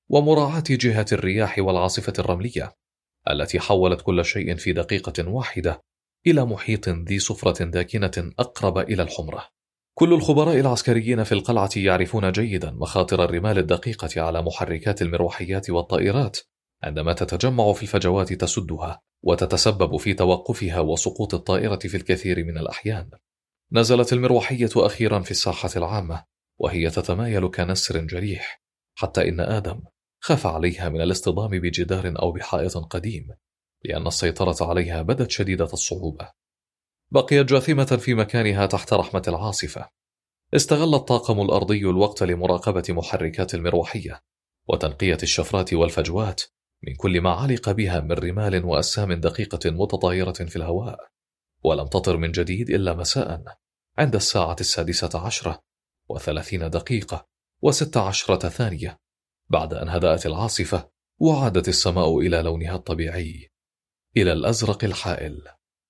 ومراعاة جهة الرياح والعاصفة الرملية التي حولت كل شيء في دقيقة واحدة إلى محيط ذي صفرة داكنة أقرب إلى الحمرة. كل الخبراء العسكريين في القلعة يعرفون جيدا مخاطر الرمال الدقيقة على محركات المروحيات والطائرات عندما تتجمع في الفجوات تسدها وتتسبب في توقفها وسقوط الطائرة في الكثير من الأحيان. نزلت المروحية أخيرا في الساحة العامة وهي تتمايل كنسر جريح، حتى إن آدم خاف عليها من الاصطدام بجدار أو بحائط قديم، لأن السيطرة عليها بدت شديدة الصعوبة. بقيت جاثمة في مكانها تحت رحمة العاصفة. استغل الطاقم الأرضي الوقت لمراقبة محركات المروحية وتنقية الشفرات والفجوات من كل ما علق بها من رمال وأسام دقيقة متطايرة في الهواء. ولم تطر من جديد إلا مساء عند الساعة السادسة عشرة وثلاثين دقيقة وست عشرة ثانية، بعد أن هدأت العاصفة وعادت السماء إلى لونها الطبيعي، إلى الأزرق الحائل.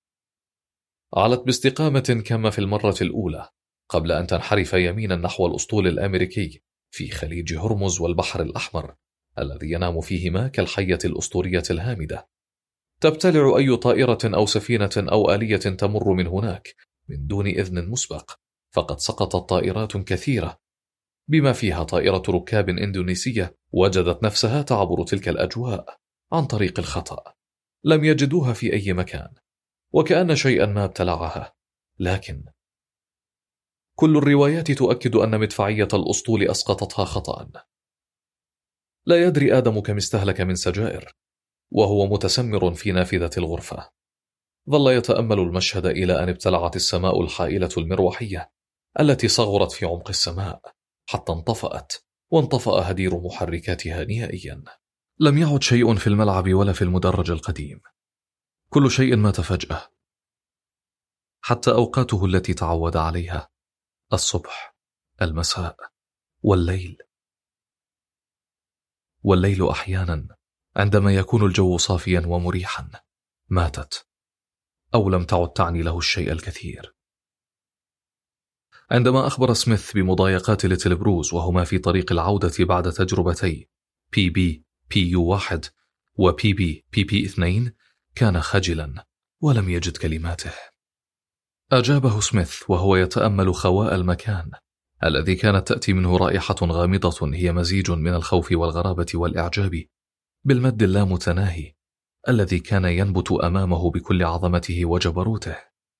علت باستقامة كما في المرة الأولى قبل أن تنحرف يمينا نحو الأسطول الأمريكي في خليج هرمز والبحر الأحمر الذي ينام فيهما كالحية الأسطورية الهامدة. تبتلع أي طائرة أو سفينة أو آلية تمر من هناك من دون إذن مسبق، فقد سقطت طائرات كثيرة بما فيها طائرة ركاب إندونيسية وجدت نفسها تعبر تلك الأجواء عن طريق الخطأ. لم يجدوها في أي مكان وكأن شيئا ما ابتلعها، لكن كل الروايات تؤكد أن مدفعية الأسطول أسقطتها خطأ. لا يدري آدم كم استهلك من سجائر وهو متسمر في نافذة الغرفة. ظل يتأمل المشهد إلى أن ابتلعت السماء الحائلة المروحية التي صغرت في عمق السماء حتى انطفأت، وانطفأ هدير محركاتها نهائيا. لم يعد شيء في الملعب ولا في المدرج القديم، كل شيء مات فجأة، حتى أوقاته التي تعود عليها: الصبح، المساء، والليل. والليل أحيانا عندما يكون الجو صافيا ومريحا ماتت، أو لم تعد تعني له الشيء الكثير. عندما أخبر سميث بمضايقات ليتل بروز وهما في طريق العودة بعد تجربتي بي بي بي يو واحد وبي بي بي بي اثنين، كان خجلا ولم يجد كلماته. أجابه سميث وهو يتأمل خواء المكان الذي كانت تأتي منه رائحة غامضة هي مزيج من الخوف والغرابة والإعجاب بالمد اللامتناهي الذي كان ينبت أمامه بكل عظمته وجبروته.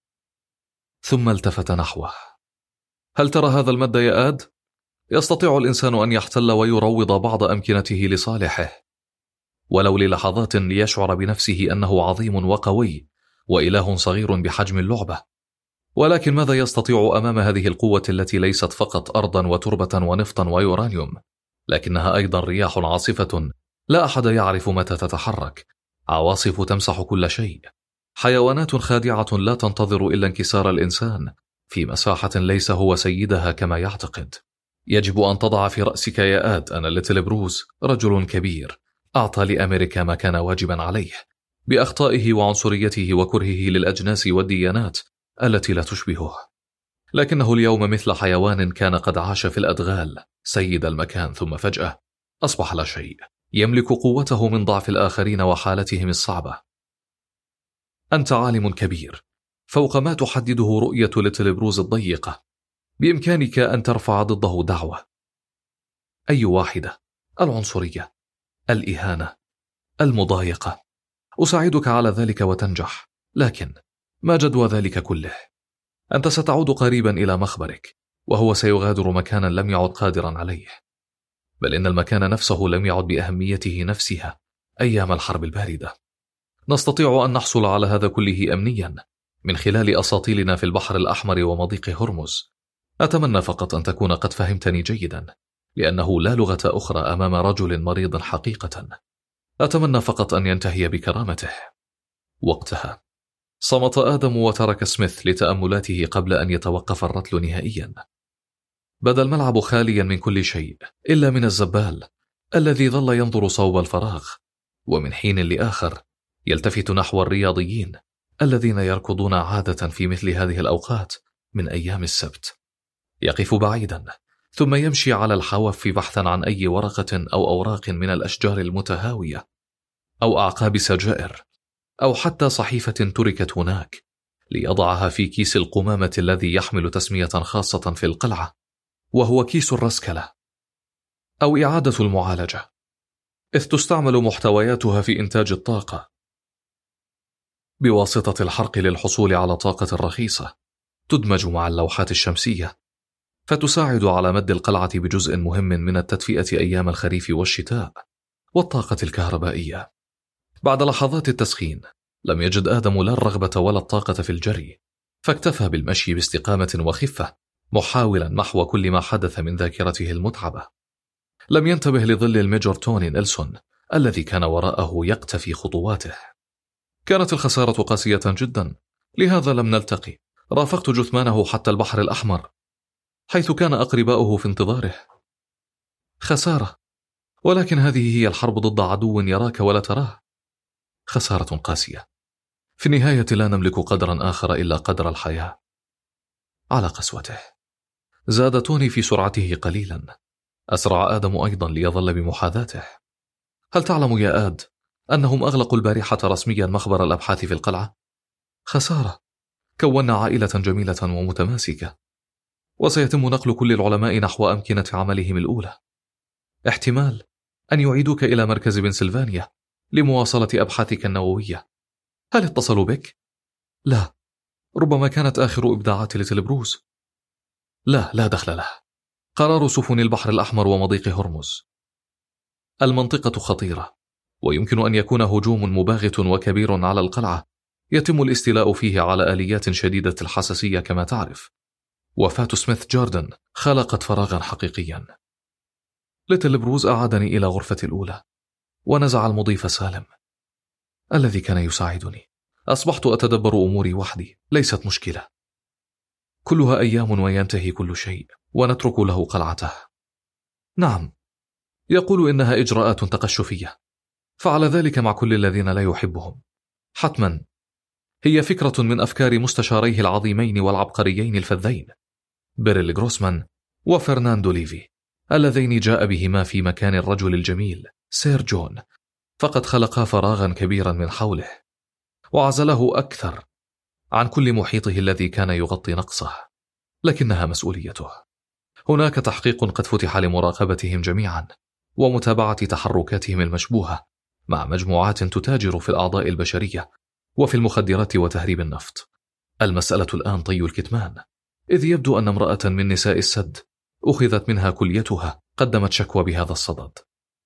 ثم التفت نحوه. هل ترى هذا المد يا آد؟ يستطيع الإنسان أن يحتل ويروض بعض أمكنته لصالحه، ولو للحظات ليشعر بنفسه أنه عظيم وقوي وإله صغير بحجم اللعبة. ولكن ماذا يستطيع أمام هذه القوة التي ليست فقط أرضا وتربة ونفطا ويورانيوم، لكنها أيضا رياح عاصفة لا أحد يعرف متى تتحرك، عواصف تمسح كل شيء، حيوانات خادعة لا تنتظر إلا انكسار الإنسان في مساحة ليس هو سيدها كما يعتقد. يجب أن تضع في رأسك يا آد أن ليتل بروز رجل كبير أعطى لأمريكا ما كان واجبا عليه بأخطائه وعنصريته وكرهه للأجناس والديانات التي لا تشبهه، لكنه اليوم مثل حيوان كان قد عاش في الأدغال سيد المكان، ثم فجأة أصبح لا شيء، يملك قوته من ضعف الآخرين وحالتهم الصعبة. أنت عالم كبير فوق ما تحدده رؤية ليتل بروز الضيقة، بإمكانك أن ترفع ضده دعوة، أي واحدة: العنصرية، الإهانة، المضايقة. أساعدك على ذلك وتنجح، لكن ما جدوى ذلك كله؟ أنت ستعود قريبا إلى مخبرك، وهو سيغادر مكانا لم يعد قادرا عليه، بل إن المكان نفسه لم يعد بأهميته نفسها أيام الحرب الباردة. نستطيع أن نحصل على هذا كله أمنيا من خلال أساطيلنا في البحر الأحمر ومضيق هرمز. أتمنى فقط أن تكون قد فهمتني جيدا، لأنه لا لغة أخرى أمام رجل مريض حقيقة. أتمنى فقط أن ينتهي بكرامته. وقتها صمت آدم وترك سميث لتأملاته قبل أن يتوقف الرتل نهائيا. بدا الملعب خاليا من كل شيء إلا من الزبال الذي ظل ينظر صوب الفراغ، ومن حين لآخر يلتفت نحو الرياضيين الذين يركضون عادة في مثل هذه الأوقات من أيام السبت. يقف بعيدا ثم يمشي على الحواف بحثا عن أي ورقة أو أوراق من الأشجار المتهاوية أو أعقاب سجائر أو حتى صحيفة تركت هناك ليضعها في كيس القمامة الذي يحمل تسمية خاصة في القلعة، وهو كيس الرسكلة أو إعادة المعالجة، إذ تستعمل محتوياتها في إنتاج الطاقة بواسطة الحرق للحصول على طاقة رخيصة تدمج مع اللوحات الشمسية، فتساعد على مد القلعة بجزء مهم من التدفئة أيام الخريف والشتاء والطاقة الكهربائية. بعد لحظات التسخين لم يجد آدم لا الرغبة ولا الطاقة في الجري، فاكتفى بالمشي باستقامة وخفة محاولا محو كل ما حدث من ذاكرته المتعبة. لم ينتبه لظل الميجور توني نيلسون الذي كان وراءه يقتفي خطواته. كانت الخسارة قاسية جدا، لهذا لم نلتقي. رافقت جثمانه حتى البحر الأحمر حيث كان أقرباؤه في انتظاره. خسارة، ولكن هذه هي الحرب ضد عدو يراك ولا تراه. خسارة قاسية. في النهاية لا نملك قدرا آخر إلا قدر الحياة. على قسوته زاد توني في سرعته قليلا. أسرع آدم أيضا ليظل بمحاذاته. هل تعلم يا آد أنهم أغلقوا البارحة رسميا مخبر الأبحاث في القلعة؟ خسارة. كونا عائلة جميلة ومتماسكة، وسيتم نقل كل العلماء نحو أمكنة عملهم الأولى. احتمال أن يعيدوك إلى مركز بنسلفانيا لمواصلة أبحاثك النووية. هل اتصلوا بك؟ لا، ربما كانت آخر إبداعات ليتل بروس. لا لا دخل له. قرار سفن البحر الأحمر ومضيق هرمز. المنطقة خطيرة، ويمكن أن يكون هجوم مباغت وكبير على القلعة يتم الاستيلاء فيه على آليات شديدة الحساسية كما تعرف. وفاة سميث جاردن خلقت فراغا حقيقيا. ليتل بروز أعادني إلى غرفتي الأولى ونزع المضيف سالم الذي كان يساعدني. أصبحت أتدبر أموري وحدي، ليست مشكلة. كلها أيام وينتهي كل شيء ونترك له قلعته. نعم، يقول إنها إجراءات تقشفية، فعل ذلك مع كل الذين لا يحبهم. حتما هي فكرة من أفكار مستشاريه العظيمين والعبقريين الفذين بيريل غروسمان وفرناندو ليفي، اللذين جاء بهما في مكان الرجل الجميل سير جون، فقد خلقا فراغا كبيرا من حوله وعزله أكثر عن كل محيطه الذي كان يغطي نقصه. لكنها مسؤوليته. هناك تحقيق قد فتح لمراقبتهم جميعا ومتابعة تحركاتهم المشبوهة مع مجموعات تتاجر في الأعضاء البشرية وفي المخدرات وتهريب النفط. المسألة الآن طي الكتمان، إذ يبدو أن امرأة من نساء السد أخذت منها كليتها قدمت شكوى بهذا الصدد.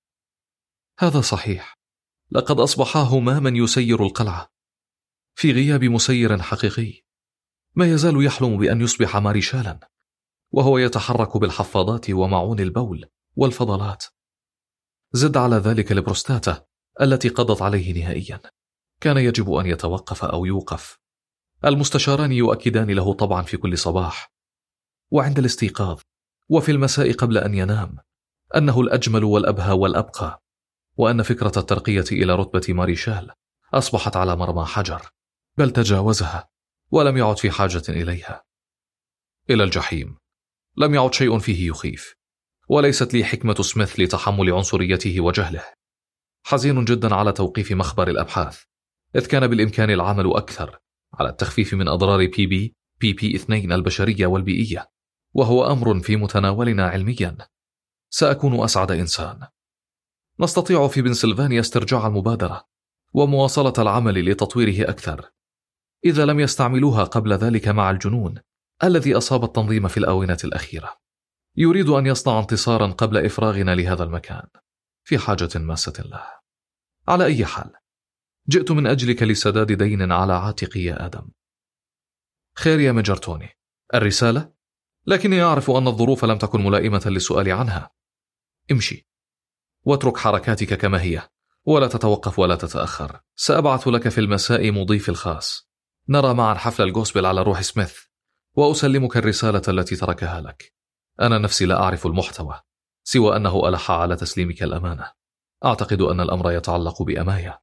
هذا صحيح، لقد أصبح هماما يسير القلعة في غياب مسير حقيقي. ما يزال يحلم بأن يصبح ماريشالا، وهو يتحرك بالحفاضات ومعون البول والفضلات. زد على ذلك البروستاتا التي قضت عليه نهائيا. كان يجب أن يتوقف أو يوقف. المستشاران يؤكدان له طبعا في كل صباح وعند الاستيقاظ وفي المساء قبل أن ينام أنه الأجمل والأبهى والأبقى، وأن فكرة الترقية إلى رتبة ماريشال أصبحت على مرمى حجر، بل تجاوزها ولم يعد في حاجة إليها. إلى الجحيم. لم يعد شيء فيه يخيف، وليست لي حكمة سميث لتحمل عنصريته وجهله. حزين جدا على توقيف مخبر الأبحاث، إذ كان بالإمكان العمل أكثر على التخفيف من أضرار بي بي بي بي اثنين البشرية والبيئية، وهو أمر في متناولنا علميا. سأكون أسعد إنسان. نستطيع في بنسلفانيا استرجاع المبادرة ومواصلة العمل لتطويره أكثر، إذا لم يستعملوها قبل ذلك مع الجنون الذي أصاب التنظيم في الآونة الأخيرة. يريد أن يصنع انتصارا قبل إفراغنا لهذا المكان، في حاجة ماسة له. على أي حال، جئت من أجلك لسداد دين على عاتقي يا آدم. خير يا ميجر توني، الرسالة؟ لكني أعرف أن الظروف لم تكن ملائمة للسؤال عنها. امشي واترك حركاتك كما هي، ولا تتوقف ولا تتأخر. سأبعث لك في المساء مضيف الخاص، نرى معا حفل الجوسبل على روح سميث، وأسلمك الرسالة التي تركها لك. أنا نفسي لا أعرف المحتوى، سوى أنه ألح على تسليمك الأمانة. أعتقد أن الأمر يتعلق بأمايا.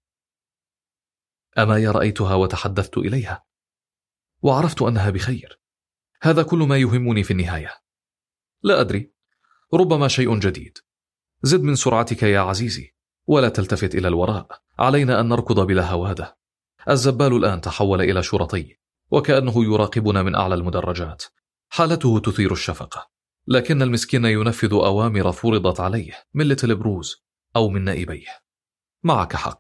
أمايا رأيتها وتحدثت إليها، وعرفت أنها بخير. هذا كل ما يهمني في النهاية. لا أدري، ربما شيء جديد. زد من سرعتك يا عزيزي، ولا تلتفت إلى الوراء، علينا أن نركض بلا هوادة. الزبال الآن تحول إلى شرطي، وكأنه يراقبنا من أعلى المدرجات. حالته تثير الشفقة، لكن المسكين ينفذ أوامر فرضت عليه من ليتل بروز أو من نائبيه. معك حق.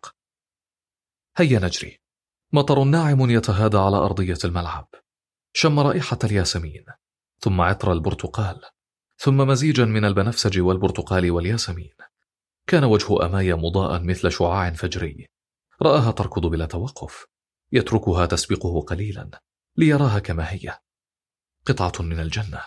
هيا نجري. مطر ناعم يتهادى على أرضية الملعب، شم رائحة الياسمين، ثم عطر البرتقال، ثم مزيجا من البنفسج والبرتقال والياسمين. كان وجه أمايا مضاء مثل شعاع فجري. رآها تركض بلا توقف، يتركها تسبقه قليلا ليراها كما هي، قطعة من الجنة،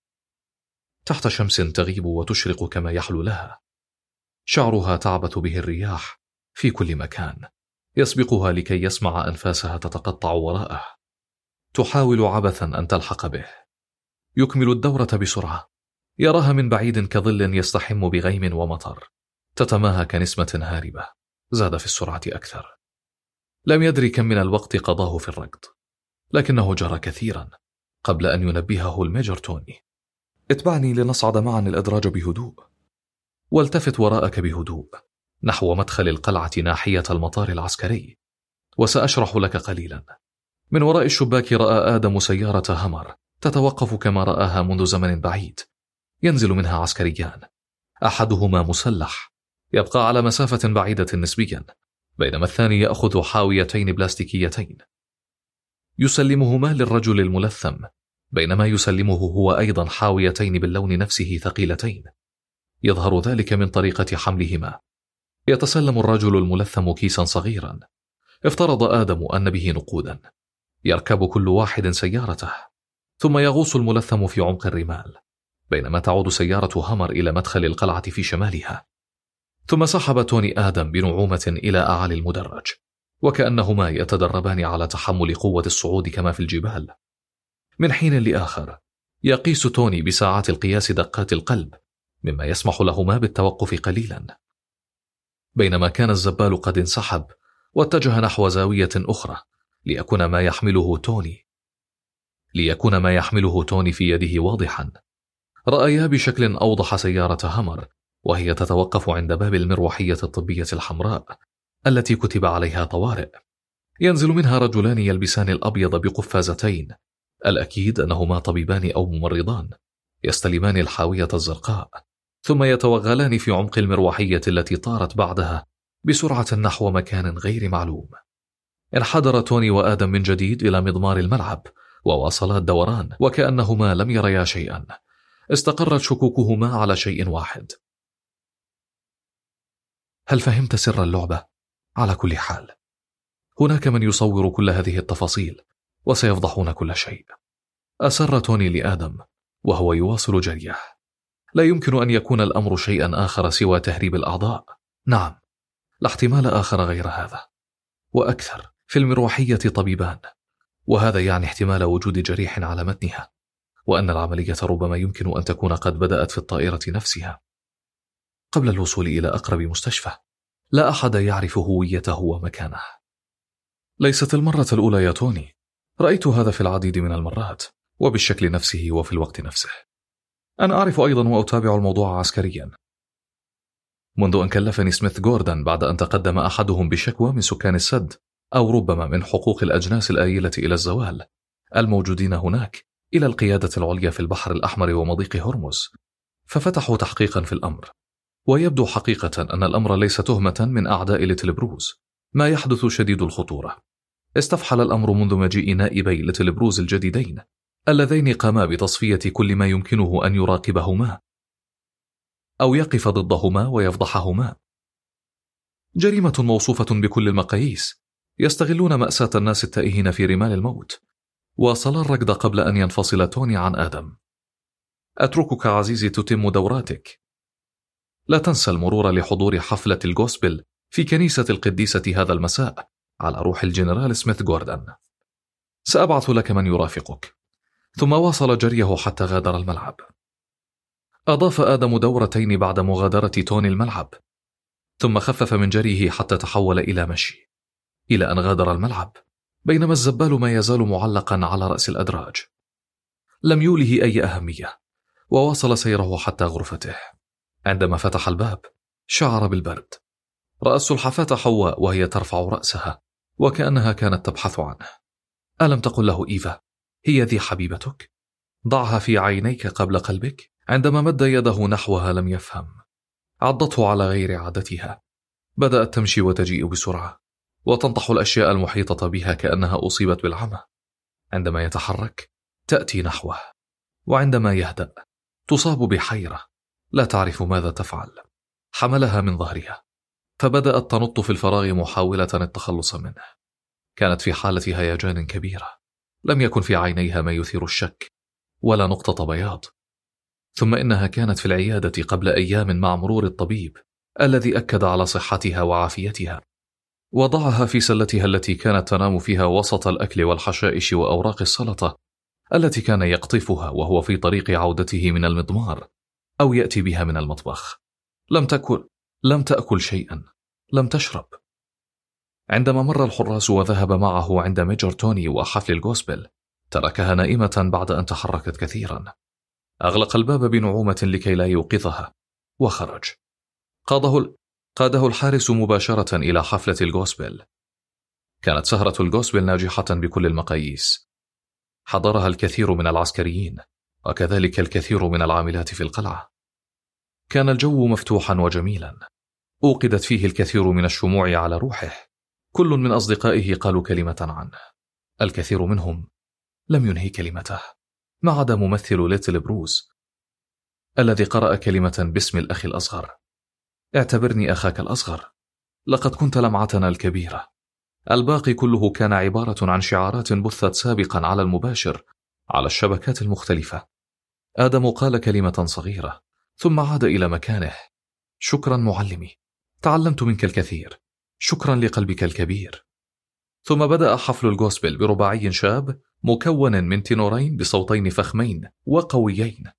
تحت شمس تغيب وتشرق كما يحلو لها. شعرها تعبث به الرياح في كل مكان، يسبقها لكي يسمع أنفاسها تتقطع وراءه. تحاول عبثا أن تلحق به. يكمل الدورة بسرعة، يراها من بعيد كظل يستحم بغيم ومطر، تتماهى كنسمة هاربة. زاد في السرعة أكثر. لم يدري كم من الوقت قضاه في الركض، لكنه جرى كثيرا قبل أن ينبهه الميجر توني. اتبعني لنصعد معا الأدراج بهدوء، والتفت وراءك بهدوء نحو مدخل القلعة ناحية المطار العسكري، وسأشرح لك قليلا. من وراء الشباك رأى آدم سيارة همر تتوقف كما رآها منذ زمن بعيد. ينزل منها عسكريان، أحدهما مسلح يبقى على مسافة بعيدة نسبيا، بينما الثاني يأخذ حاويتين بلاستيكيتين. يسلمهما للرجل الملثم، بينما يسلمه هو أيضا حاويتين باللون نفسه ثقيلتين. يظهر ذلك من طريقة حملهما. يتسلم الرجل الملثم كيسا صغيرا، افترض آدم أن به نقودا. يركب كل واحد سيارته، ثم يغوص الملثم في عمق الرمال، بينما تعود سيارة همر إلى مدخل القلعة في شمالها. ثم سحب توني آدم بنعومة إلى أعالي المدرج، وكأنهما يتدربان على تحمل قوة الصعود كما في الجبال. من حين لآخر يقيس توني بساعات القياس دقات القلب، مما يسمح لهما بالتوقف قليلا. بينما كان الزبال قد انسحب واتجه نحو زاوية أخرى ليكون ما يحمله توني ليكون ما يحمله توني في يده واضحا. رأيا بشكل أوضح سيارة همر وهي تتوقف عند باب المروحية الطبية الحمراء التي كتب عليها طوارئ. ينزل منها رجلان يلبسان الأبيض بقفازتين، الأكيد أنهما طبيبان أو ممرضان، يستلمان الحاوية الزرقاء، ثم يتوغلان في عمق المروحية التي طارت بعدها بسرعة نحو مكان غير معلوم. انحدر توني وآدم من جديد إلى مضمار الملعب، وواصلا الدوران وكأنهما لم يريا شيئا. استقرت شكوكهما على شيء واحد. هل فهمت سر اللعبة؟ على كل حال هناك من يصور كل هذه التفاصيل، وسيفضحون كل شيء. أسر توني لآدم وهو يواصل جريه. لا يمكن أن يكون الأمر شيئا آخر سوى تهريب الأعضاء. نعم، لا احتمال آخر غير هذا، وأكثر. في المروحية طبيبان، وهذا يعني احتمال وجود جريح على متنها، وأن العملية ربما يمكن أن تكون قد بدأت في الطائرة نفسها. قبل الوصول إلى أقرب مستشفى لا أحد يعرف هويته ومكانه. ليست المرة الأولى يا توني، رأيت هذا في العديد من المرات، وبالشكل نفسه وفي الوقت نفسه. أنا أعرف أيضا وأتابع الموضوع عسكريا منذ أن كلفني سميث جوردن بعد أن تقدم أحدهم بشكوى من سكان السد، أو ربما من حقوق الأجناس الآيلة إلى الزوال الموجودين هناك، إلى القيادة العليا في البحر الأحمر ومضيق هرمز، ففتحوا تحقيقا في الأمر. ويبدو حقيقة أن الأمر ليس تهمة من أعداء ليتل بروز. ما يحدث شديد الخطورة. استفحل الأمر منذ مجيء نائبي ليتل بروز الجديدين اللذين قاما بتصفية كل ما يمكنه أن يراقبهما أو يقف ضدهما ويفضحهما. جريمة موصوفة بكل المقاييس. يستغلون مأساة الناس التائهين في رمال الموت. واصل الركض قبل أن ينفصل توني عن آدم. أتركك عزيزي تتم دوراتك. لا تنسى المرور لحضور حفلة الغوسبل في كنيسة القديسة هذا المساء على روح الجنرال سميث جوردن. سأبعث لك من يرافقك. ثم واصل جريه حتى غادر الملعب. أضاف آدم دورتين بعد مغادرة توني الملعب، ثم خفف من جريه حتى تحول إلى مشي، إلى أن غادر الملعب، بينما الزبال ما يزال معلقا على رأس الأدراج. لم يوله أي أهمية، وواصل سيره حتى غرفته. عندما فتح الباب شعر بالبرد. رأى السلحفاة حواء وهي ترفع رأسها وكأنها كانت تبحث عنه. ألم تقل له إيفا هي ذي حبيبتك؟ ضعها في عينيك قبل قلبك. عندما مد يده نحوها لم يفهم. عضته على غير عادتها. بدأت تمشي وتجيء بسرعة وتنطح الأشياء المحيطة بها كأنها أصيبت بالعمى. عندما يتحرك تأتي نحوه، وعندما يهدأ تصاب بحيرة لا تعرف ماذا تفعل. حملها من ظهرها فبدأت تنط في الفراغ محاولة التخلص منه. كانت في حالة هيجان كبيرة. لم يكن في عينيها ما يثير الشك ولا نقطة بياض. ثم إنها كانت في العيادة قبل أيام مع مرور الطبيب الذي أكد على صحتها وعافيتها. وضعها في سلتها التي كانت تنام فيها وسط الأكل والحشائش وأوراق السلطة التي كان يقطفها وهو في طريق عودته من المضمار أو يأتي بها من المطبخ. لم تأكل لم تأكل شيئا، لم تشرب. عندما مر الحراس وذهب معه عند ميجر توني وحفل الغوسبل تركها نائمة بعد أن تحركت كثيرا. أغلق الباب بنعومة لكي لا يوقظها وخرج. قاده, قاده الحارس مباشرة إلى حفلة الغوسبل. كانت سهرة الغوسبل ناجحة بكل المقاييس. حضرها الكثير من العسكريين وكذلك الكثير من العاملات في القلعة. كان الجو مفتوحا وجميلا. أوقدت فيه الكثير من الشموع على روحه. كل من أصدقائه قالوا كلمة عنه. الكثير منهم لم ينهي كلمته ما عدا ممثل ليتل بروز الذي قرأ كلمة باسم الأخ الأصغر. اعتبرني أخاك الأصغر، لقد كنت لمعتنا الكبيرة. الباقي كله كان عبارة عن شعارات بثت سابقا على المباشر على الشبكات المختلفة. آدم قال كلمة صغيرة ثم عاد إلى مكانه. شكرا معلمي، تعلمت منك الكثير. شكرا لقلبك الكبير. ثم بدأ حفل الغوسبل برباعي شاب مكون من تينورين بصوتين فخمين وقويين،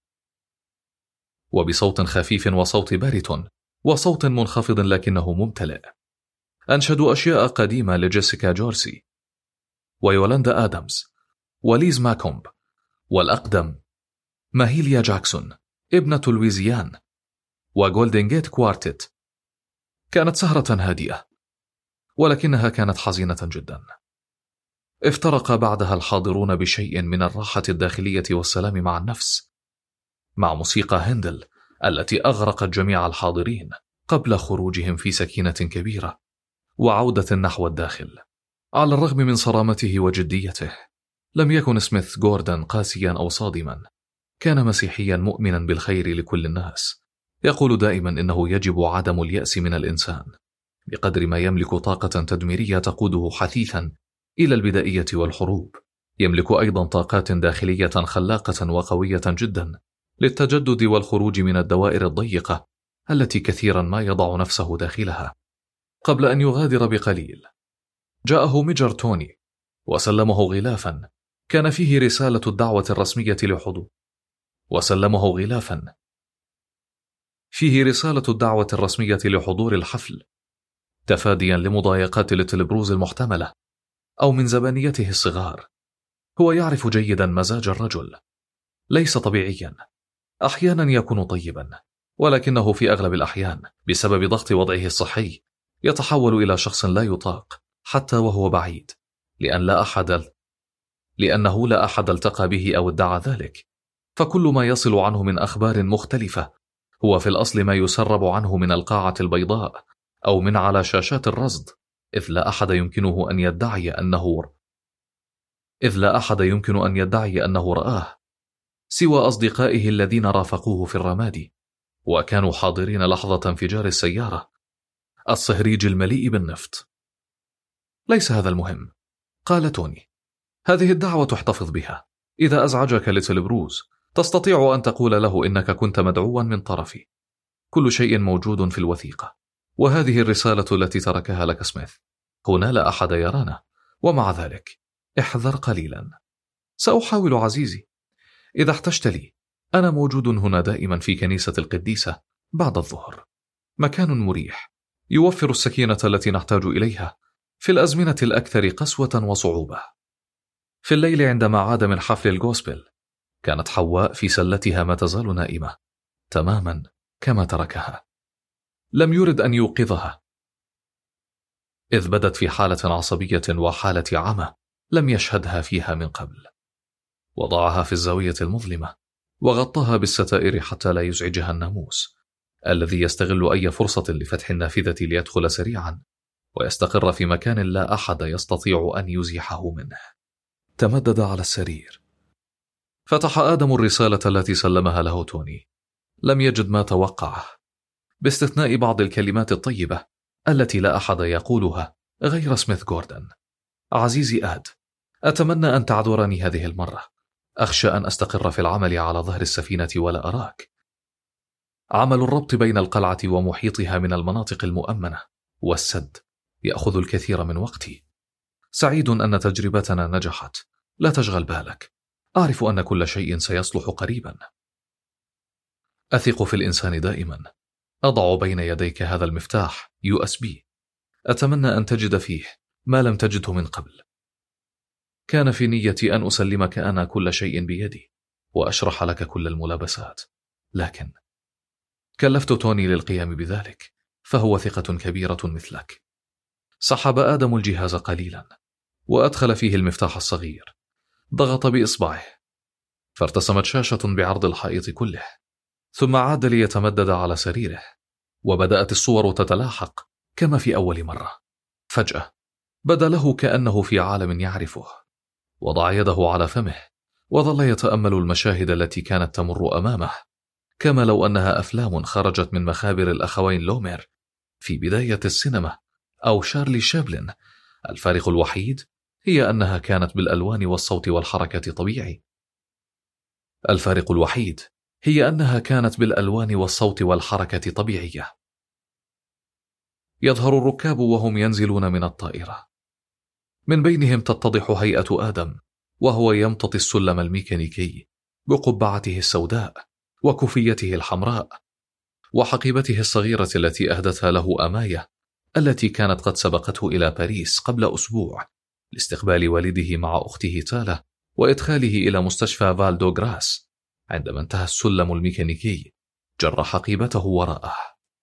وبصوت خفيف وصوت باريتون وصوت منخفض لكنه ممتلئ. أنشدوا أشياء قديمة لجيسيكا جورسي ويولاندا آدمز وليز ماكومب والأقدم ماهيليا جاكسون ابنة لويزيان وغولدن جيت كوارتت. كانت سهرة هادئة ولكنها كانت حزينة جدا. افترق بعدها الحاضرون بشيء من الراحة الداخلية والسلام مع النفس مع موسيقى هندل التي أغرقت جميع الحاضرين قبل خروجهم في سكينة كبيرة وعودة نحو الداخل. على الرغم من صرامته وجديته لم يكن سميث جوردن قاسيا أو صادما. كان مسيحيا مؤمنا بالخير لكل الناس. يقول دائما إنه يجب عدم اليأس من الإنسان بقدر ما يملك طاقة تدميرية تقوده حثيثا إلى البدائية والحروب. يملك أيضا طاقات داخلية خلاقة وقوية جدا للتجدد والخروج من الدوائر الضيقة التي كثيرا ما يضع نفسه داخلها. قبل أن يغادر بقليل جاءه ميجر توني وسلمه غلافا كان فيه رسالة الدعوة الرسمية لحضور وسلمه غلافا فيه رسالة الدعوة الرسمية لحضور الحفل تفاديا لمضايقات ليتل بروز المحتملة أو من زبانيته الصغار. هو يعرف جيدا مزاج الرجل، ليس طبيعيا. أحيانا يكون طيبا ولكنه في أغلب الأحيان بسبب ضغط وضعه الصحي يتحول إلى شخص لا يطاق حتى وهو بعيد، لأن لا أحد لأنه لا أحد التقى به أو ادعى ذلك. فكل ما يصل عنه من أخبار مختلفة هو في الأصل ما يسرب عنه من القاعة البيضاء أو من على شاشات الرصد، إذ لا أحد يمكنه أن يدعي أنه إذ لا أحد يمكن أن يدعي أنه رآه سوى أصدقائه الذين رافقوه في الرمادي وكانوا حاضرين لحظة انفجار السيارة الصهريج المليء بالنفط. ليس هذا المهم، قال توني. هذه الدعوة تحتفظ بها. إذا أزعجك ليتل بروز تستطيع أن تقول له إنك كنت مدعوا من طرفي. كل شيء موجود في الوثيقة، وهذه الرسالة التي تركها لك سميث. هنا لا أحد يرانا، ومع ذلك احذر قليلا. سأحاول عزيزي. إذا احتجت لي أنا موجود هنا دائما في كنيسة القديسة بعد الظهر. مكان مريح يوفر السكينة التي نحتاج إليها في الأزمنة الأكثر قسوة وصعوبة. في الليل عندما عاد من حفل الغوسبل كانت حواء في سلتها ما تزال نائمة تماما كما تركها. لم يرد أن يوقظها، إذ بدت في حالة عصبية وحالة عمى لم يشهدها فيها من قبل. وضعها في الزاوية المظلمة وغطاها بالستائر حتى لا يزعجها الناموس الذي يستغل أي فرصة لفتح النافذة ليدخل سريعا ويستقر في مكان لا أحد يستطيع أن يزيحه منه. تمدد على السرير. فتح آدم الرسالة التي سلمها له توني. لم يجد ما توقعه، باستثناء بعض الكلمات الطيبة التي لا أحد يقولها غير سميث جوردن. عزيزي آد، أتمنى أن تعذرني هذه المرة. أخشى أن أستقر في العمل على ظهر السفينة ولا أراك. عمل الربط بين القلعة ومحيطها من المناطق المؤمنة والسد يأخذ الكثير من وقتي. سعيد أن تجربتنا نجحت، لا تشغل بالك، أعرف أن كل شيء سيصلح قريبا. أثق في الإنسان دائما. أضع بين يديك هذا المفتاح يو إس بي، أتمنى أن تجد فيه ما لم تجده من قبل. كان في نيتي أن أسلمك أنا كل شيء بيدي وأشرح لك كل الملابسات، لكن كلفت توني للقيام بذلك، فهو ثقة كبيرة مثلك. سحب آدم الجهاز قليلا وأدخل فيه المفتاح الصغير، ضغط بإصبعه فارتسمت شاشة بعرض الحائط كله، ثم عاد ليتمدد على سريره وبدأت الصور تتلاحق كما في أول مرة. فجأة بدا له كأنه في عالم يعرفه. وضع يده على فمه وظل يتأمل المشاهد التي كانت تمر أمامه كما لو أنها أفلام خرجت من مخابر الأخوين لومير في بداية السينما أو شارلي شابلن. الفارق الوحيد هي أنها كانت بالألوان والصوت والحركة طبيعي. الفارق الوحيد هي أنها كانت بالألوان والصوت والحركة طبيعية. يظهر الركاب وهم ينزلون من الطائرة، من بينهم تتضح هيئة آدم وهو يمتطي السلم الميكانيكي بقبعته السوداء وكوفيته الحمراء وحقيبته الصغيرة التي أهدتها له أماية التي كانت قد سبقته إلى باريس قبل أسبوع لاستقبال والده مع أخته تالا وإدخاله إلى مستشفى فالدو غراس. عندما انتهى السلم الميكانيكي جر حقيبته وراءه.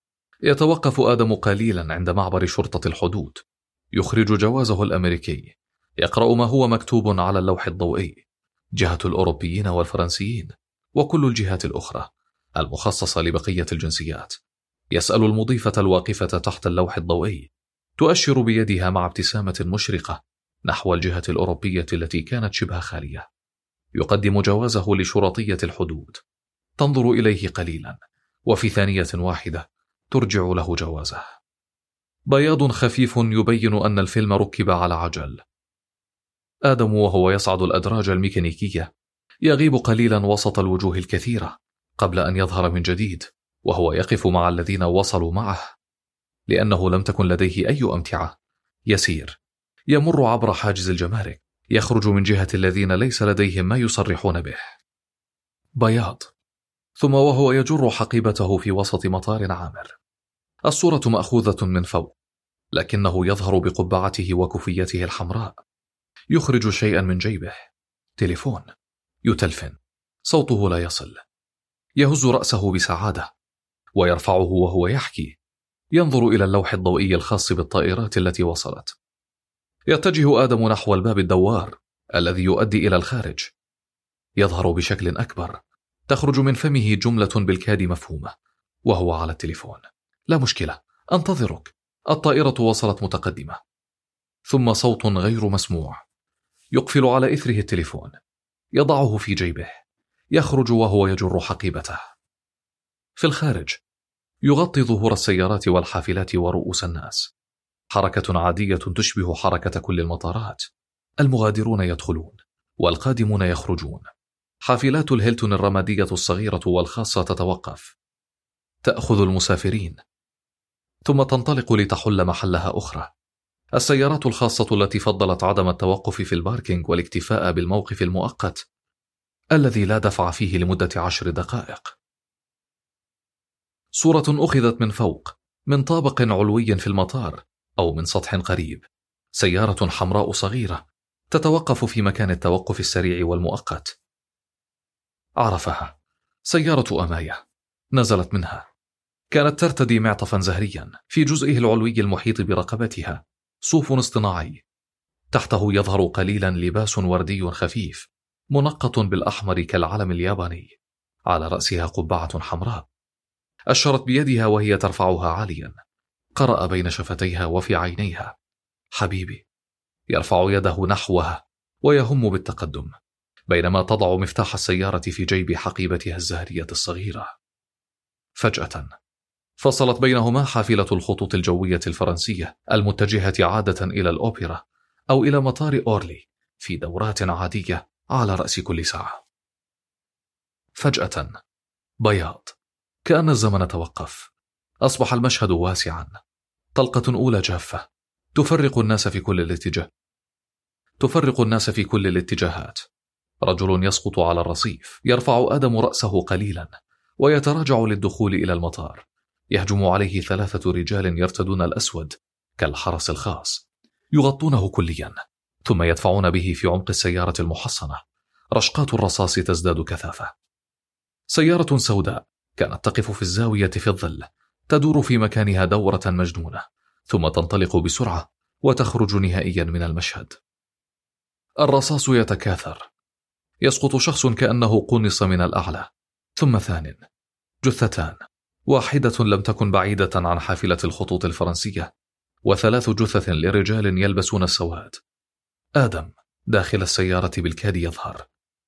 يتوقف آدم قليلا عند معبر شرطة الحدود، يخرج جوازه الأمريكي، يقرأ ما هو مكتوب على اللوح الضوئي: جهة الأوروبيين والفرنسيين وكل الجهات الأخرى المخصصة لبقية الجنسيات. يسأل المضيفة الواقفة تحت اللوح الضوئي، تؤشر بيدها مع ابتسامة مشرقة نحو الجهة الأوروبية التي كانت شبه خالية. يقدم جوازه لشرطية الحدود، تنظر إليه قليلا وفي ثانية واحدة ترجع له جوازه. بياض خفيف يبين أن الفيلم ركب على عجل. آدم وهو يصعد الأدراج الميكانيكية يغيب قليلا وسط الوجوه الكثيرة قبل أن يظهر من جديد وهو يقف مع الذين وصلوا معه، لأنه لم تكن لديه أي أمتعة. يسير، يمر عبر حاجز الجمارك، يخرج من جهة الذين ليس لديهم ما يصرحون به. بياض. ثم وهو يجر حقيبته في وسط مطار عامر. الصورة مأخوذة من فوق، لكنه يظهر بقبعته وكوفيته الحمراء. يخرج شيئا من جيبه، تليفون، يتلفن، صوته لا يصل. يهز رأسه بسعادة ويرفعه وهو يحكي، ينظر إلى اللوح الضوئي الخاص بالطائرات التي وصلت. يتجه آدم نحو الباب الدوار الذي يؤدي إلى الخارج. يظهر بشكل أكبر، تخرج من فمه جملة بالكاد مفهومة وهو على التليفون: لا مشكلة، أنتظرك، الطائرة وصلت متقدمة. ثم صوت غير مسموع يقفل على إثره التليفون، يضعه في جيبه، يخرج وهو يجر حقيبته. في الخارج يغطي ظهور السيارات والحافلات ورؤوس الناس، حركة عادية تشبه حركة كل المطارات. المغادرون يدخلون والقادمون يخرجون. حافلات الهيلتون الرمادية الصغيرة والخاصة تتوقف، تأخذ المسافرين ثم تنطلق لتحل محلها أخرى. السيارات الخاصة التي فضلت عدم التوقف في الباركينج والاكتفاء بالموقف المؤقت الذي لا دفع فيه لمدة عشر دقائق. صورة أخذت من فوق، من طابق علوي في المطار أو من سطح قريب. سيارة حمراء صغيرة تتوقف في مكان التوقف السريع والمؤقت. عرفها، سيارة أماية. نزلت منها. كانت ترتدي معطفا زهريا في جزئه العلوي المحيط برقبتها، صوف اصطناعي. تحته يظهر قليلا لباس وردي خفيف منقط بالأحمر كالعلم الياباني. على رأسها قبعة حمراء. أشرت بيدها وهي ترفعها عاليا. قرأ بين شفتيها وفي عينيها: حبيبي. يرفع يده نحوها ويهم بالتقدم، بينما تضع مفتاح السيارة في جيب حقيبتها الزهرية الصغيرة. فجأة فصلت بينهما حافلة الخطوط الجوية الفرنسية المتجهة عادة إلى الأوبرا أو إلى مطار أورلي في دورات عادية على رأس كل ساعة. فجأة بياض، كأن الزمن توقف. أصبح المشهد واسعا. طلقة أولى جافة تفرق الناس في كل الاتجاه تفرق الناس في كل الاتجاهات. رجل يسقط على الرصيف. يرفع آدم رأسه قليلا ويتراجع للدخول إلى المطار. يهجم عليه ثلاثة رجال يرتدون الأسود كالحرس الخاص، يغطونه كليا، ثم يدفعون به في عمق السيارة المحصنة. رشقات الرصاص تزداد كثافة. سيارة سوداء كانت تقف في الزاوية في الظل، تدور في مكانها دورة مجنونة، ثم تنطلق بسرعة وتخرج نهائيا من المشهد. الرصاص يتكاثر. يسقط شخص كأنه قنص من الأعلى، ثم ثان، جثتان، واحدة لم تكن بعيدة عن حافلة الخطوط الفرنسية، وثلاث جثث لرجال يلبسون السواد. آدم داخل السيارة بالكاد يظهر.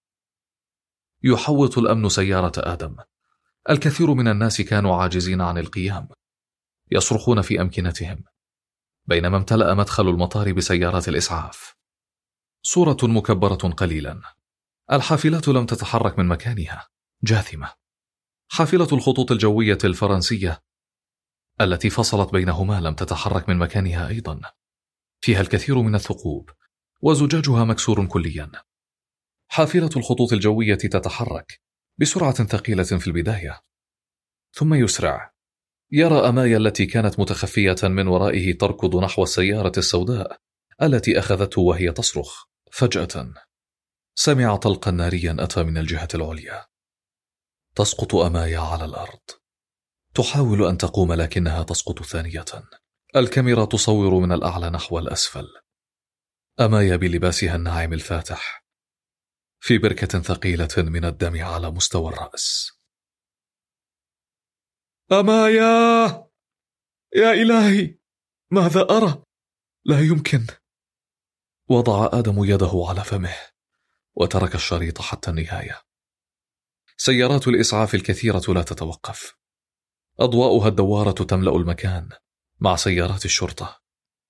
يحوط الأمن سيارة آدم. الكثير من الناس كانوا عاجزين عن القيام، يصرخون في أمكنتهم، بينما امتلأ مدخل المطار بسيارات الإسعاف. صورة مكبرة قليلا. الحافلة لم تتحرك من مكانها، جاثمة. حافلة الخطوط الجوية الفرنسية التي فصلت بينهما لم تتحرك من مكانها أيضا. فيها الكثير من الثقوب وزجاجها مكسور كليا. حافلة الخطوط الجوية تتحرك بسرعة ثقيلة في البداية، ثم يسرع. يرى أمايا التي كانت متخفية من ورائه تركض نحو السيارة السوداء التي أخذته وهي تصرخ. فجأة سمع طلقا ناريا أتى من الجهة العليا. تسقط أمايا على الأرض. تحاول أن تقوم لكنها تسقط ثانية. الكاميرا تصور من الأعلى نحو الأسفل. أمايا بلباسها الناعم الفاتح في بركة ثقيلة من الدم على مستوى الرأس. أمايا! يا إلهي، ماذا أرى؟ لا يمكن. وضع آدم يده على فمه وترك الشريط حتى النهاية. سيارات الإسعاف الكثيرة لا تتوقف. أضواؤها الدوارة تملأ المكان مع سيارات الشرطة.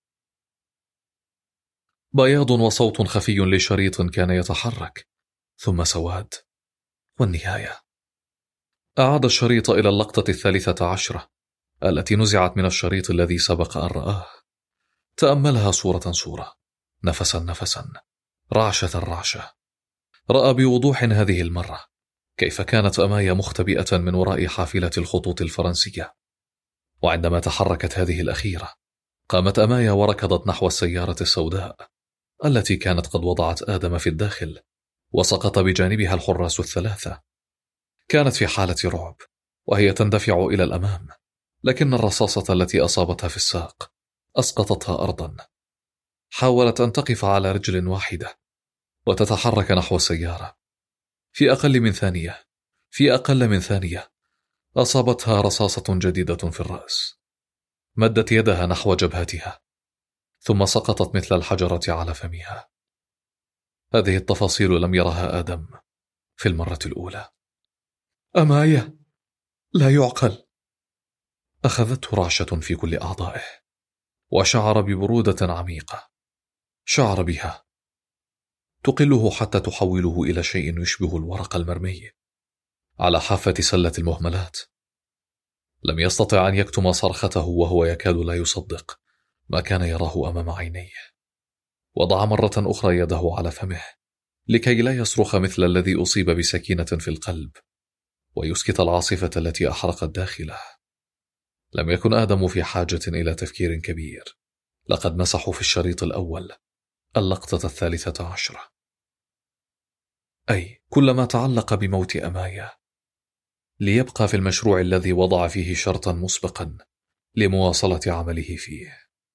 بياض وصوت خفي لشريط كان يتحرك، ثم سواد، والنهاية. أعاد الشريط إلى اللقطة الثالثة عشرة التي نزعت من الشريط الذي سبق أن رآه. تأملها صورة صورة، نفسا نفسا، رعشة رعشة. رأى بوضوح هذه المرة كيف كانت أمايا مختبئة من وراء حافلة الخطوط الفرنسية. وعندما تحركت هذه الأخيرة، قامت أمايا وركضت نحو السيارة السوداء التي كانت قد وضعت آدم في الداخل، وسقط بجانبها الحراس الثلاثة. كانت في حالة رعب وهي تندفع إلى الأمام، لكن الرصاصة التي أصابتها في الساق أسقطتها أرضا. حاولت أن تقف على رجل واحدة وتتحرك نحو السيارة. في أقل من ثانية في أقل من ثانية أصابتها رصاصة جديدة في الرأس. مدت يدها نحو جبهتها، ثم سقطت مثل الحجرة على فمها. هذه التفاصيل لم يرها آدم في المرة الأولى. أمايا، لا يعقل. أخذته رعشة في كل أعضائه، وشعر ببرودة عميقة. شعر بها تقله حتى تحوله إلى شيء يشبه الورق المرمي على حافة سلة المهملات. لم يستطع أن يكتم صرخته وهو يكاد لا يصدق ما كان يراه أمام عينيه. وضع مرة أخرى يده على فمه لكي لا يصرخ مثل الذي أصيب بسكينة في القلب ويسكت العاصفة التي أحرقت داخله. لم يكن آدم في حاجة إلى تفكير كبير. لقد مسحوا في الشريط الأول اللقطة الثالثة عشرة. أي كل ما تعلق بموت أمايا، ليبقى في المشروع الذي وضع فيه شرطا مسبقا لمواصلة عمله فيه.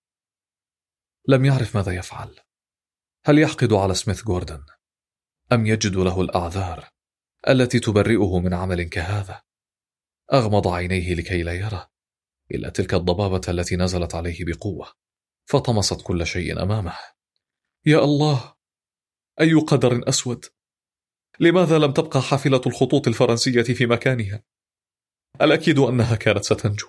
لم يعرف ماذا يفعل، هل يحقد على سميث جوردن أم يجد له الأعذار التي تبرئه من عمل كهذا؟ أغمض عينيه لكي لا يرى إلا تلك الضبابة التي نزلت عليه بقوة فطمست كل شيء أمامه. يا الله، أي قدر أسود! لماذا لم تبقى حافلة الخطوط الفرنسية في مكانها؟ الأكيد أنها كانت ستنجو.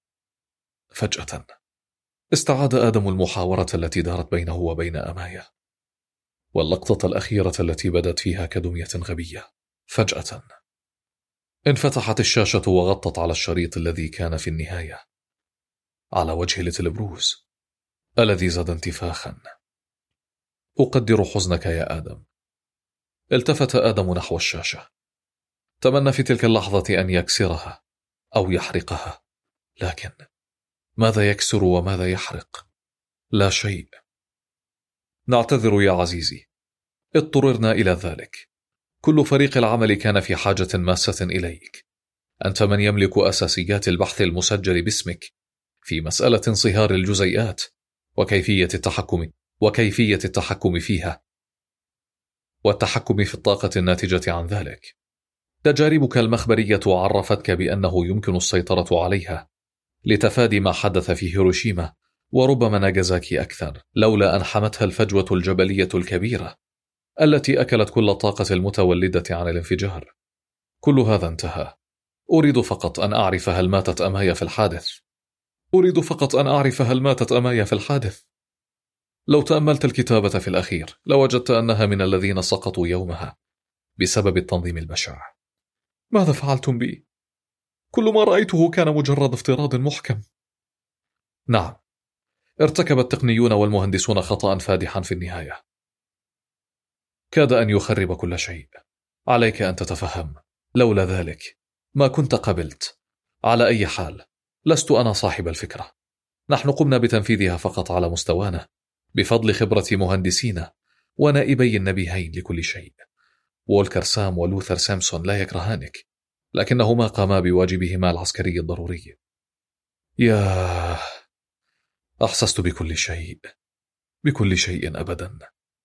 فجأة استعاد آدم المحاورة التي دارت بينه وبين أمايا، واللقطة الأخيرة التي بدت فيها كدمية غبية. فجأة انفتحت الشاشة وغطت على الشريط الذي كان في النهاية على وجه ليتل بروس الذي زاد انتفاخا. أقدر حزنك يا آدم. التفت آدم نحو الشاشة، تمنى في تلك اللحظة أن يكسرها أو يحرقها، لكن ماذا يكسر وماذا يحرق؟ لا شيء. نعتذر يا عزيزي، اضطررنا إلى ذلك. كل فريق العمل كان في حاجة ماسة إليك. أنت من يملك أساسيات البحث المسجل باسمك في مسألة انصهار الجزيئات وكيفية التحكم وكيفية التحكم فيها والتحكم في الطاقة الناتجة عن ذلك. تجاربك المخبرية عرفتك بأنه يمكن السيطرة عليها لتفادي ما حدث في هيروشيما وربما ناغازاكي أكثر، لولا أن حمتها الفجوة الجبلية الكبيرة التي أكلت كل الطاقة المتولدة عن الانفجار. كل هذا انتهى. أريد فقط أن أعرف هل ماتت أمايا في الحادث. أريد فقط أن أعرف هل ماتت أمايا في الحادث. لو تأملت الكتابة في الأخير لوجدت أنها من الذين سقطوا يومها بسبب التنظيم البشع. ماذا فعلتم بي؟ كل ما رأيته كان مجرد افتراض محكم. نعم، ارتكب التقنيون والمهندسون خطأ فادحا في النهاية كاد أن يخرب كل شيء. عليك أن تتفهم، لولا ذلك ما كنت قبلت. على أي حال لست أنا صاحب الفكرة، نحن قمنا بتنفيذها فقط على مستوانا بفضل خبرة مهندسينا ونائبي النبيهين لكل شيء. وولكر سام ولوثر سامسون لا يكرهانك، لكنهما قاما بواجبهما العسكري الضروري. يا أحسست بكل شيء، بكل شيء أبدا.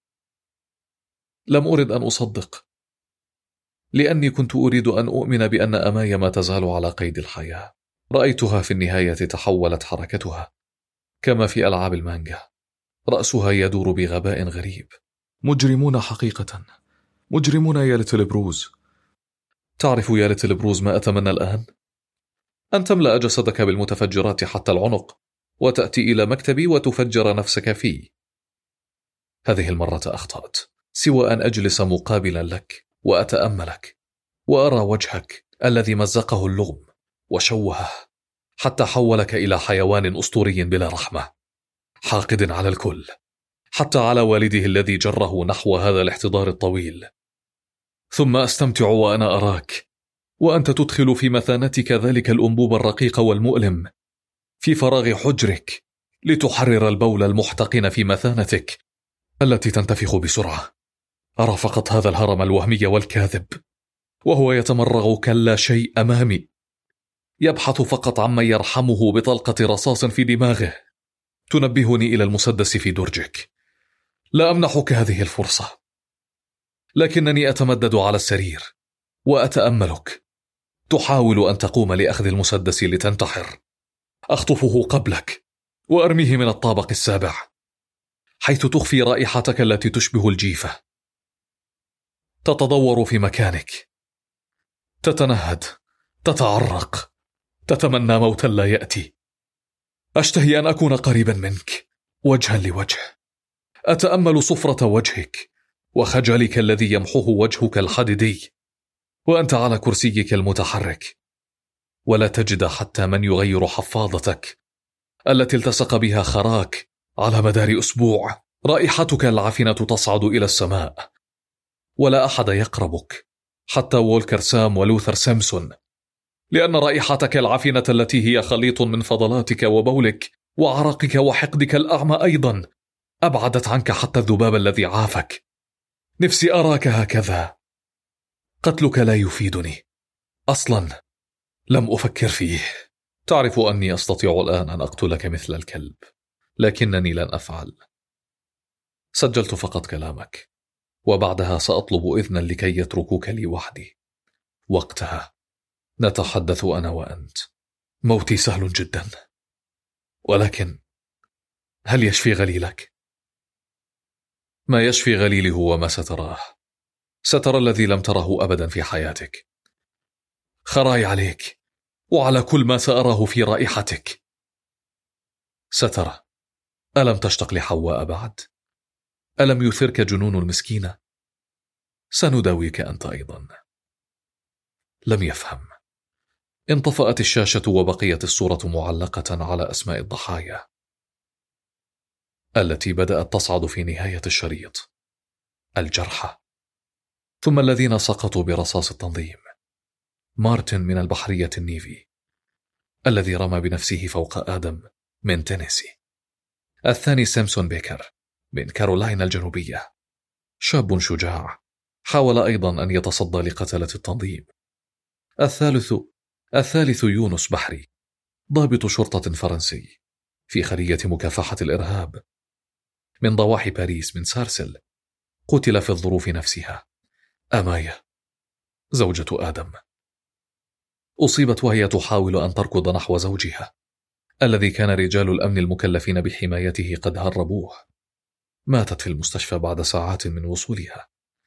لم أرد أن أصدق، لأني كنت أريد أن أؤمن بأن أمايا ما تزال على قيد الحياة. رأيتها في النهاية تحولت حركتها كما في ألعاب المانجا، رأسها يدور بغباء غريب. مجرمون حقيقة، مجرمون يا ليتل بروز. تعرف يا ليتل بروز ما أتمنى الآن؟ أن تملأ جسدك بالمتفجرات حتى العنق وتأتي إلى مكتبي وتفجر نفسك فيه. هذه المرة أخطأت، سوى أن أجلس مقابلا لك وأتأملك وأرى وجهك الذي مزقه اللغم وشوهه حتى حولك إلى حيوان أسطوري بلا رحمة، حاقد على الكل، حتى على والده الذي جره نحو هذا الاحتضار الطويل. ثم أستمتع وأنا أراك وأنت تدخل في مثانتك ذلك الأنبوب الرقيق والمؤلم في فراغ حجرك لتحرر البول المحتقن في مثانتك التي تنتفخ بسرعة. أرى فقط هذا الهرم الوهمي والكاذب وهو يتمرغ كلا شيء أمامي، يبحث فقط عما يرحمه بطلقة رصاص في دماغه تنبهني إلى المسدس في درجك. لا أمنحك هذه الفرصة، لكنني أتمدد على السرير وأتأملك تحاول أن تقوم لأخذ المسدس لتنتحر. أخطفه قبلك وأرميه من الطابق السابع حيث تخفي رائحتك التي تشبه الجيفة. تتدور في مكانك، تتنهد، تتعرق، تتمنى موتا لا يأتي. أشتهي أن أكون قريبا منك وجها لوجه، أتأمل صفرة وجهك وخجلك الذي يمحوه وجهك الحديدي وأنت على كرسيك المتحرك، ولا تجد حتى من يغير حفاضتك التي التصق بها خراك على مدار أسبوع. رائحتك العفنة تصعد إلى السماء ولا أحد يقربك، حتى وولكر سام ولوثر سامسون، لأن رائحتك العفنة التي هي خليط من فضلاتك وبولك وعرقك وحقدك الأعمى أيضا أبعدت عنك حتى الذباب الذي عافك. نفسي أراك هكذا، قتلك لا يفيدني أصلا. لم أفكر فيه. تعرف أني أستطيع الآن أن أقتلك مثل الكلب، لكنني لن أفعل. سجلت فقط كلامك، وبعدها سأطلب إذنا لكي يتركوك لي وحدي. وقتها نتحدث أنا وأنت. موتي سهل جدا، ولكن هل يشفي غليلك؟ ما يشفي غليلي هو ما ستراه. سترى الذي لم تره أبدا في حياتك. خراي عليك وعلى كل ما سأراه في رائحتك. سترى. ألم تشتق لحواء بعد؟ ألم يثرك جنون المسكينة؟ سنداويك أنت أيضا. لم يفهم. انطفأت الشاشة وبقيت الصورة معلقة على أسماء الضحايا التي بدأت تصعد في نهاية الشريط. الجرحى، ثم الذين سقطوا برصاص التنظيم. مارتن من البحرية النيفي الذي رمى بنفسه فوق آدم من تينيسي. الثاني سيمسون بيكر من كارولاينا الجنوبية، شاب شجاع حاول أيضا أن يتصدى لقتلة التنظيم. الثالث الثالث يونس بحري، ضابط شرطة فرنسي في خلية مكافحة الإرهاب من ضواحي باريس من سارسل، قتل في الظروف نفسها. أماية زوجة آدم أصيبت وهي تحاول أن تركض نحو زوجها الذي كان رجال الأمن المكلفين بحمايته قد هربوه. ماتت في المستشفى بعد ساعات من وصولها.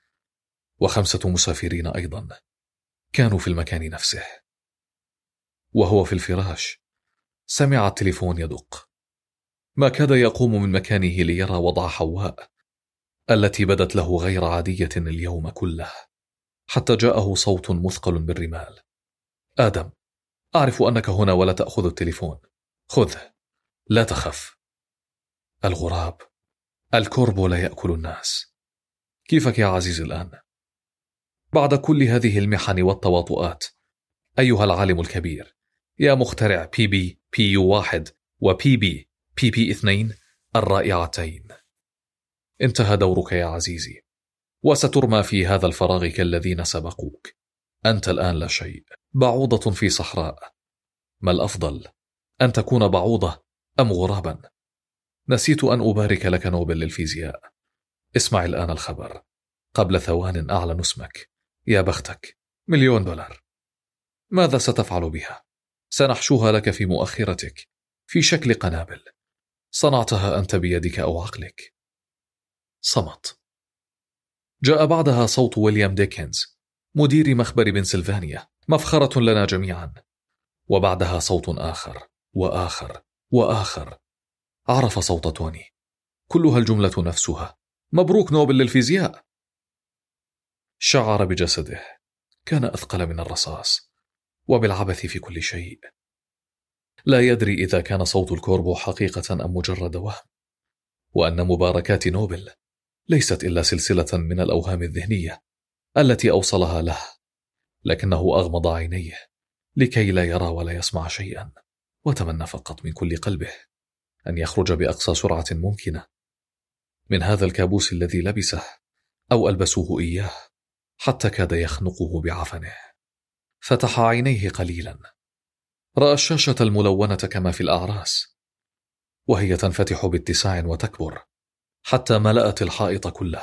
وخمسة مسافرين أيضا كانوا في المكان نفسه. وهو في الفراش سمع التليفون يدق. ما كاد يقوم من مكانه ليرى وضع حواء التي بدت له غير عادية اليوم كله، حتى جاءه صوت مثقل بالرمال. آدم، أعرف أنك هنا ولا تأخذ التليفون. خذه، لا تخف. الغراب، الكوربو لا يأكل الناس. كيفك يا عزيزي الآن؟ بعد كل هذه المحن والتواطؤات، أيها العالم الكبير، يا مخترع بي بي بي يو واحد وبي بي بي بي اثنين الرائعتين، انتهى دورك يا عزيزي، وسترمى في هذا الفراغ كالذين سبقوك. أنت الآن لا شيء، بعوضة في صحراء. ما الأفضل، أن تكون بعوضة أم غرابا؟ نسيت أن أبارك لك نوبل للفيزياء. اسمع الآن الخبر. قبل ثوان أعلن اسمك. يا بختك، مليون دولار. ماذا ستفعل بها؟ سنحشوها لك في مؤخرتك في شكل قنابل. صنعتها أنت بيدك أو عقلك. صمت. جاء بعدها صوت ويليام ديكنز مدير مخبر بنسلفانيا، مفخرة لنا جميعا. وبعدها صوت آخر وآخر وآخر. عرف صوت توني، كلها الجملة نفسها: مبروك نوبل للفيزياء. شعر بجسده كان أثقل من الرصاص، وبالعبث في كل شيء. لا يدري إذا كان صوت الكوربو حقيقة أم مجرد وهم، وأن مباركات نوبل ليست إلا سلسلة من الأوهام الذهنية التي أوصلها له. لكنه أغمض عينيه لكي لا يرى ولا يسمع شيئا، وتمنى فقط من كل قلبه أن يخرج بأقصى سرعة ممكنة من هذا الكابوس الذي لبسه أو ألبسوه إياه، حتى كاد يخنقه بعفنه. فتح عينيه قليلا، رأى الشاشة الملونة كما في الأعراس، وهي تنفتح باتساع وتكبر حتى ملأت الحائط كله.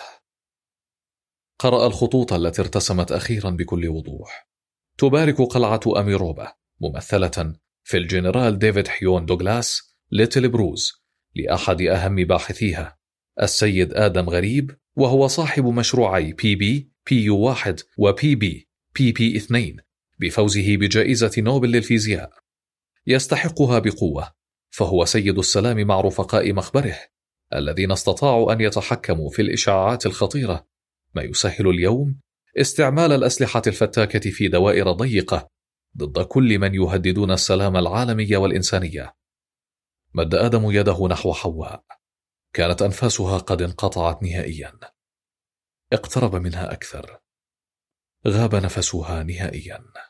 قرأ الخطوط التي ارتسمت أخيرا بكل وضوح. تبارك قلعة أميروبا ممثلة في الجنرال ديفيد حيون دوغلاس ليتل بروز لأحد أهم باحثيها السيد آدم غريب، وهو صاحب مشروعي بي بي بي يو واحد وبي بي بي بي اثنين بفوزه بجائزة نوبل للفيزياء. يستحقها بقوة، فهو سيد السلام مع رفقاء مخبره الذين استطاعوا أن يتحكموا في الإشعاعات الخطيرة، ما يسهل اليوم استعمال الأسلحة الفتاكة في دوائر ضيقة ضد كل من يهددون السلام العالمي والإنسانية. مد آدم يده نحو حواء، كانت أنفاسها قد انقطعت نهائيا. اقترب منها أكثر، غاب نفسها نهائيا.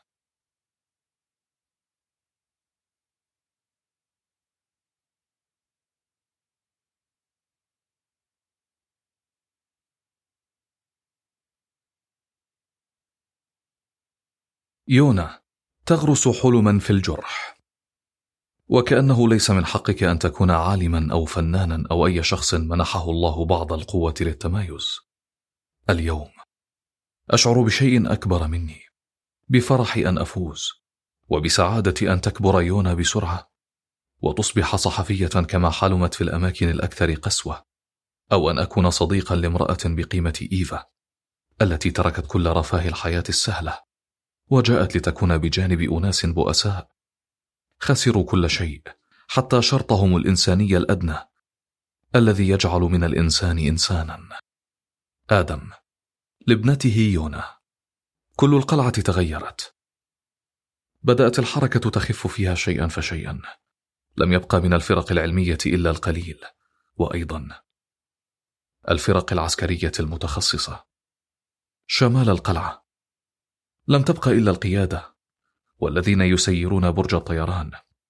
يونا، تغرس حلما في الجرح. وكأنه ليس من حقك أن تكون عالما أو فنانا أو أي شخص منحه الله بعض القوة للتمايز. اليوم أشعر بشيء أكبر مني، بفرح أن أفوز، وبسعادة أن تكبر يونا بسرعة وتصبح صحفية كما حلمت في الأماكن الأكثر قسوة، أو أن أكون صديقا لامرأة بقيمة إيفا التي تركت كل رفاه الحياة السهلة وجاءت لتكون بجانب أناس بؤساء خسروا كل شيء، حتى شرطهم الإنساني الأدنى الذي يجعل من الإنسان إنسانا. آدم لابنته يونا. كل القلعة تغيرت، بدأت الحركة تخف فيها شيئا فشيئا، لم يبقى من الفرق العلمية إلا القليل، وأيضا الفرق العسكرية المتخصصة. شمال القلعة لم تبقى إلا القيادة والذين يسيرون برج الطيران.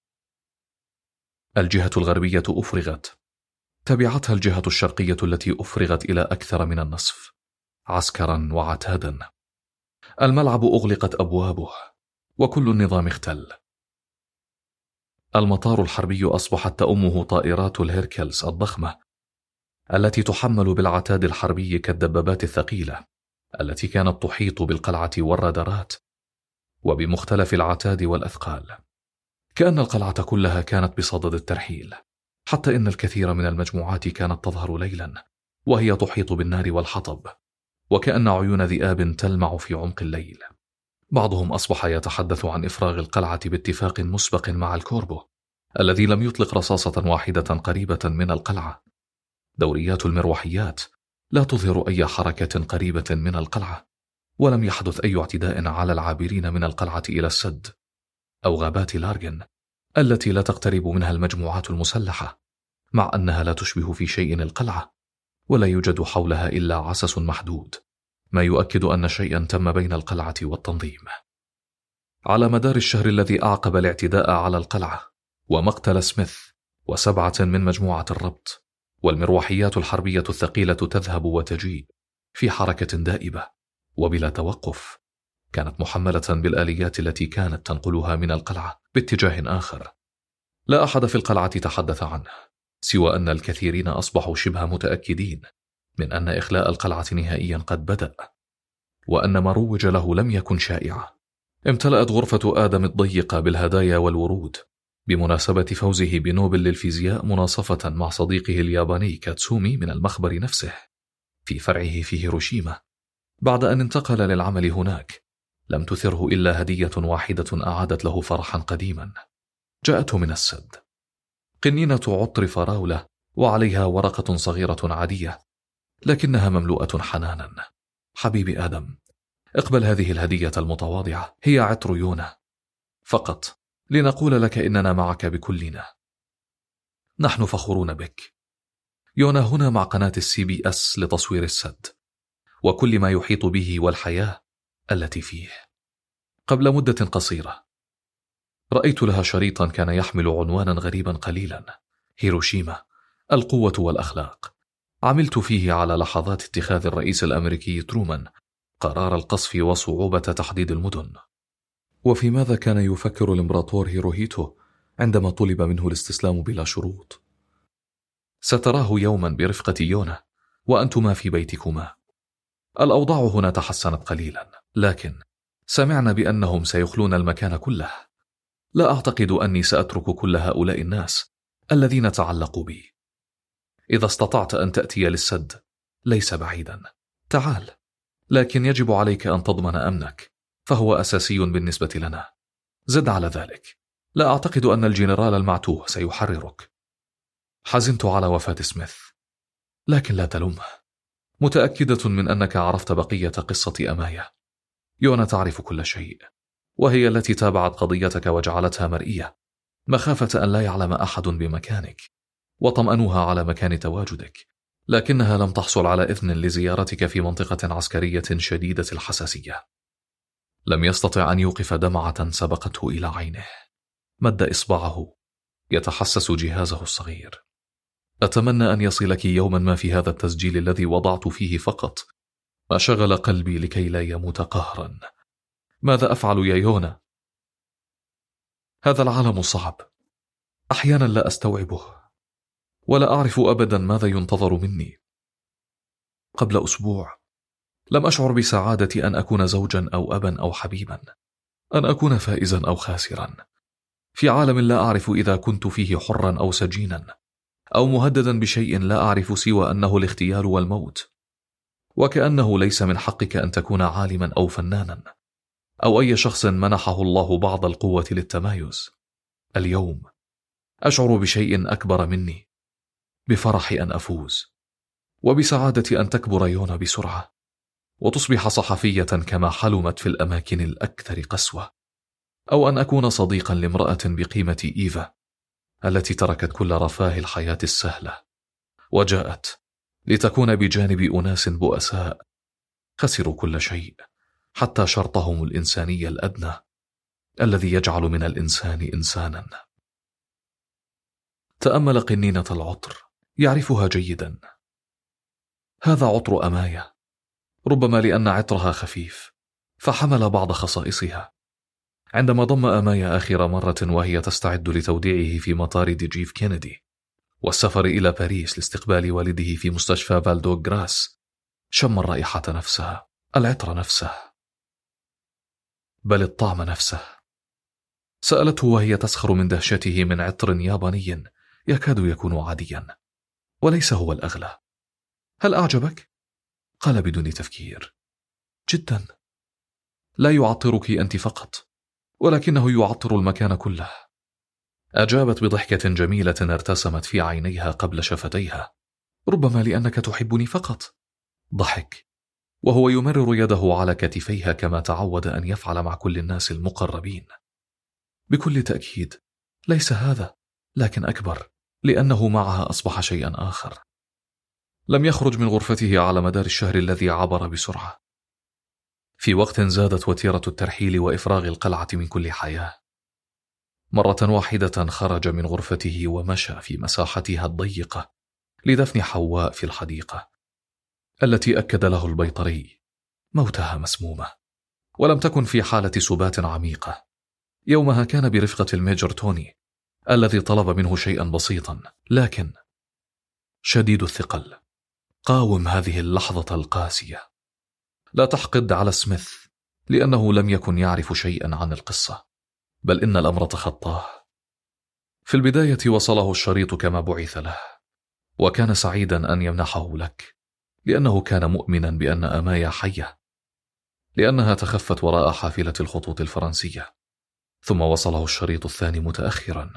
الجهة الغربية أفرغت، تبعتها الجهة الشرقية التي أفرغت إلى أكثر من النصف عسكرا وعتادا. الملعب أغلقت أبوابه وكل النظام اختل. المطار الحربي أصبحت تأمه طائرات الهيركلز الضخمة التي تحمل بالعتاد الحربي كالدبابات الثقيلة التي كانت تحيط بالقلعة والرادارات وبمختلف العتاد والأثقال. كأن القلعة كلها كانت بصدد الترحيل، حتى إن الكثير من المجموعات كانت تظهر ليلا وهي تحيط بالنار والحطب، وكأن عيون ذئاب تلمع في عمق الليل. بعضهم أصبح يتحدث عن إفراغ القلعة باتفاق مسبق مع الكوربو الذي لم يطلق رصاصة واحدة قريبة من القلعة. دوريات المروحيات لا تظهر أي حركة قريبة من القلعة، ولم يحدث أي اعتداء على العابرين من القلعة إلى السد أو غابات لارجن التي لا تقترب منها المجموعات المسلحة، مع أنها لا تشبه في شيء القلعة ولا يوجد حولها إلا عسس محدود، ما يؤكد أن شيئا تم بين القلعة والتنظيم. على مدار الشهر الذي أعقب الاعتداء على القلعة ومقتل سميث وسبعة من مجموعة الربط، والمروحيات الحربية الثقيلة تذهب وتجيء في حركة دائبة وبلا توقف، كانت محملة بالآليات التي كانت تنقلها من القلعة باتجاه آخر. لا أحد في القلعة تحدث عنه، سوى أن الكثيرين أصبحوا شبه متأكدين من أن إخلاء القلعة نهائيا قد بدأ، وأن ما روج له لم يكن شائعا. امتلأت غرفة آدم الضيقة بالهدايا والورود بمناسبة فوزه بنوبل للفيزياء، مناصفة مع صديقه الياباني كاتسومي من المخبر نفسه في فرعه في هيروشيما. بعد أن انتقل للعمل هناك لم تثره إلا هدية واحدة أعادت له فرحا قديما، جاءته من السد، قنينة عطر فراولة وعليها ورقة صغيرة عادية لكنها مملوءة حنانا. حبيبي آدم، اقبل هذه الهدية المتواضعة، هي عطر يونا فقط لنقول لك إننا معك بكلنا. نحن فخورون بك. يونا هنا مع قناة السي بي أس لتصوير السد وكل ما يحيط به والحياة التي فيه. قبل مدة قصيرة رأيت لها شريطا كان يحمل عنوانا غريبا قليلا: هيروشيما، القوة والأخلاق. عملت فيه على لحظات اتخاذ الرئيس الأمريكي ترومان قرار القصف وصعوبة تحديد المدن. وفي ماذا كان يفكر الإمبراطور هيروهيتو عندما طلب منه الاستسلام بلا شروط؟ ستراه يوما برفقة يونا وأنتما في بيتكما. الأوضاع هنا تحسنت قليلا، لكن سمعنا بأنهم سيخلون المكان كله. لا أعتقد أني سأترك كل هؤلاء الناس الذين تعلقوا بي. إذا استطعت أن تأتي للسد ليس بعيدا، تعال، لكن يجب عليك أن تضمن أمنك، فهو أساسي بالنسبة لنا. زد على ذلك، لا أعتقد أن الجنرال المعتوه سيحررك. حزنت على وفاة سميث، لكن لا تلومه. متأكدة من أنك عرفت بقية قصة أمايا. يونا تعرف كل شيء، وهي التي تابعت قضيتك وجعلتها مرئية، مخافة أن لا يعلم أحد بمكانك، وطمأنوها على مكان تواجدك، لكنها لم تحصل على إذن لزيارتك في منطقة عسكرية شديدة الحساسية. لم يستطع أن يوقف دمعة سبقته إلى عينه. مد إصبعه يتحسس جهازه الصغير. أتمنى أن يصلك يوما ما في هذا التسجيل الذي وضعت فيه فقط ما شغل قلبي لكي لا يموت قهرا. ماذا أفعل يا يونا؟ هذا العالم صعب، أحيانا لا أستوعبه، ولا أعرف أبدا ماذا ينتظر مني. قبل أسبوع لم أشعر بسعادة أن أكون زوجا أو أبا أو حبيبا، أن أكون فائزا أو خاسرا، في عالم لا أعرف إذا كنت فيه حرا أو سجينا، أو مهددا بشيء لا أعرف سوى أنه الاغتيال والموت. وكأنه ليس من حقك أن تكون عالما أو فنانا أو أي شخص منحه الله بعض القوة للتمايز. اليوم أشعر بشيء أكبر مني، بفرح أن أفوز، وبسعادة أن تكبر يونا بسرعة وتصبح صحفية كما حلمت في الأماكن الأكثر قسوة، أو أن أكون صديقا لامرأة بقيمة إيفا التي تركت كل رفاه الحياة السهلة وجاءت لتكون بجانب أناس بؤساء خسروا كل شيء حتى شرطهم الإنساني الأدنى الذي يجعل من الإنسان إنسانا. تأمل قنينة العطر، يعرفها جيدا. هذا عطر أمايا، ربما لأن عطرها خفيف فحمل بعض خصائصها. عندما ضم أمايا آخر مرة وهي تستعد لتوديعه في مطار دي جيف كينيدي والسفر إلى باريس لاستقبال والده في مستشفى فالدو غراس، شم الرائحة نفسها، العطر نفسه، بل الطعم نفسه. سألته وهي تسخر من دهشته من عطر ياباني يكاد يكون عاديا وليس هو الأغلى. هل أعجبك؟ قال بدون تفكير. جدا. لا يعطرك أنت فقط، ولكنه يعطر المكان كله. أجابت بضحكة جميلة ارتسمت في عينيها قبل شفتيها. ربما لأنك تحبني فقط. ضحك وهو يمرر يده على كتفيها كما تعود أن يفعل مع كل الناس المقربين. بكل تأكيد ليس هذا، لكن أكبر، لأنه معها أصبح شيئا آخر. لم يخرج من غرفته على مدار الشهر الذي عبر بسرعة، في وقت زادت وتيرة الترحيل وإفراغ القلعة من كل حياة. مرة واحدة خرج من غرفته ومشى في مساحتها الضيقة لدفن حواء في الحديقة التي أكد له البيطري موتها مسمومة، ولم تكن في حالة سبات عميقة. يومها كان برفقة الميجر توني الذي طلب منه شيئا بسيطا لكن شديد الثقل. قاوم هذه اللحظة القاسية. لا تحقد على سميث لأنه لم يكن يعرف شيئا عن القصة، بل إن الأمر تخطاه. في البداية وصله الشريط كما بعث له، وكان سعيدا أن يمنحه لك لأنه كان مؤمنا بأن أمايا حية، لأنها تخفت وراء حافلة الخطوط الفرنسية. ثم وصله الشريط الثاني متأخرا،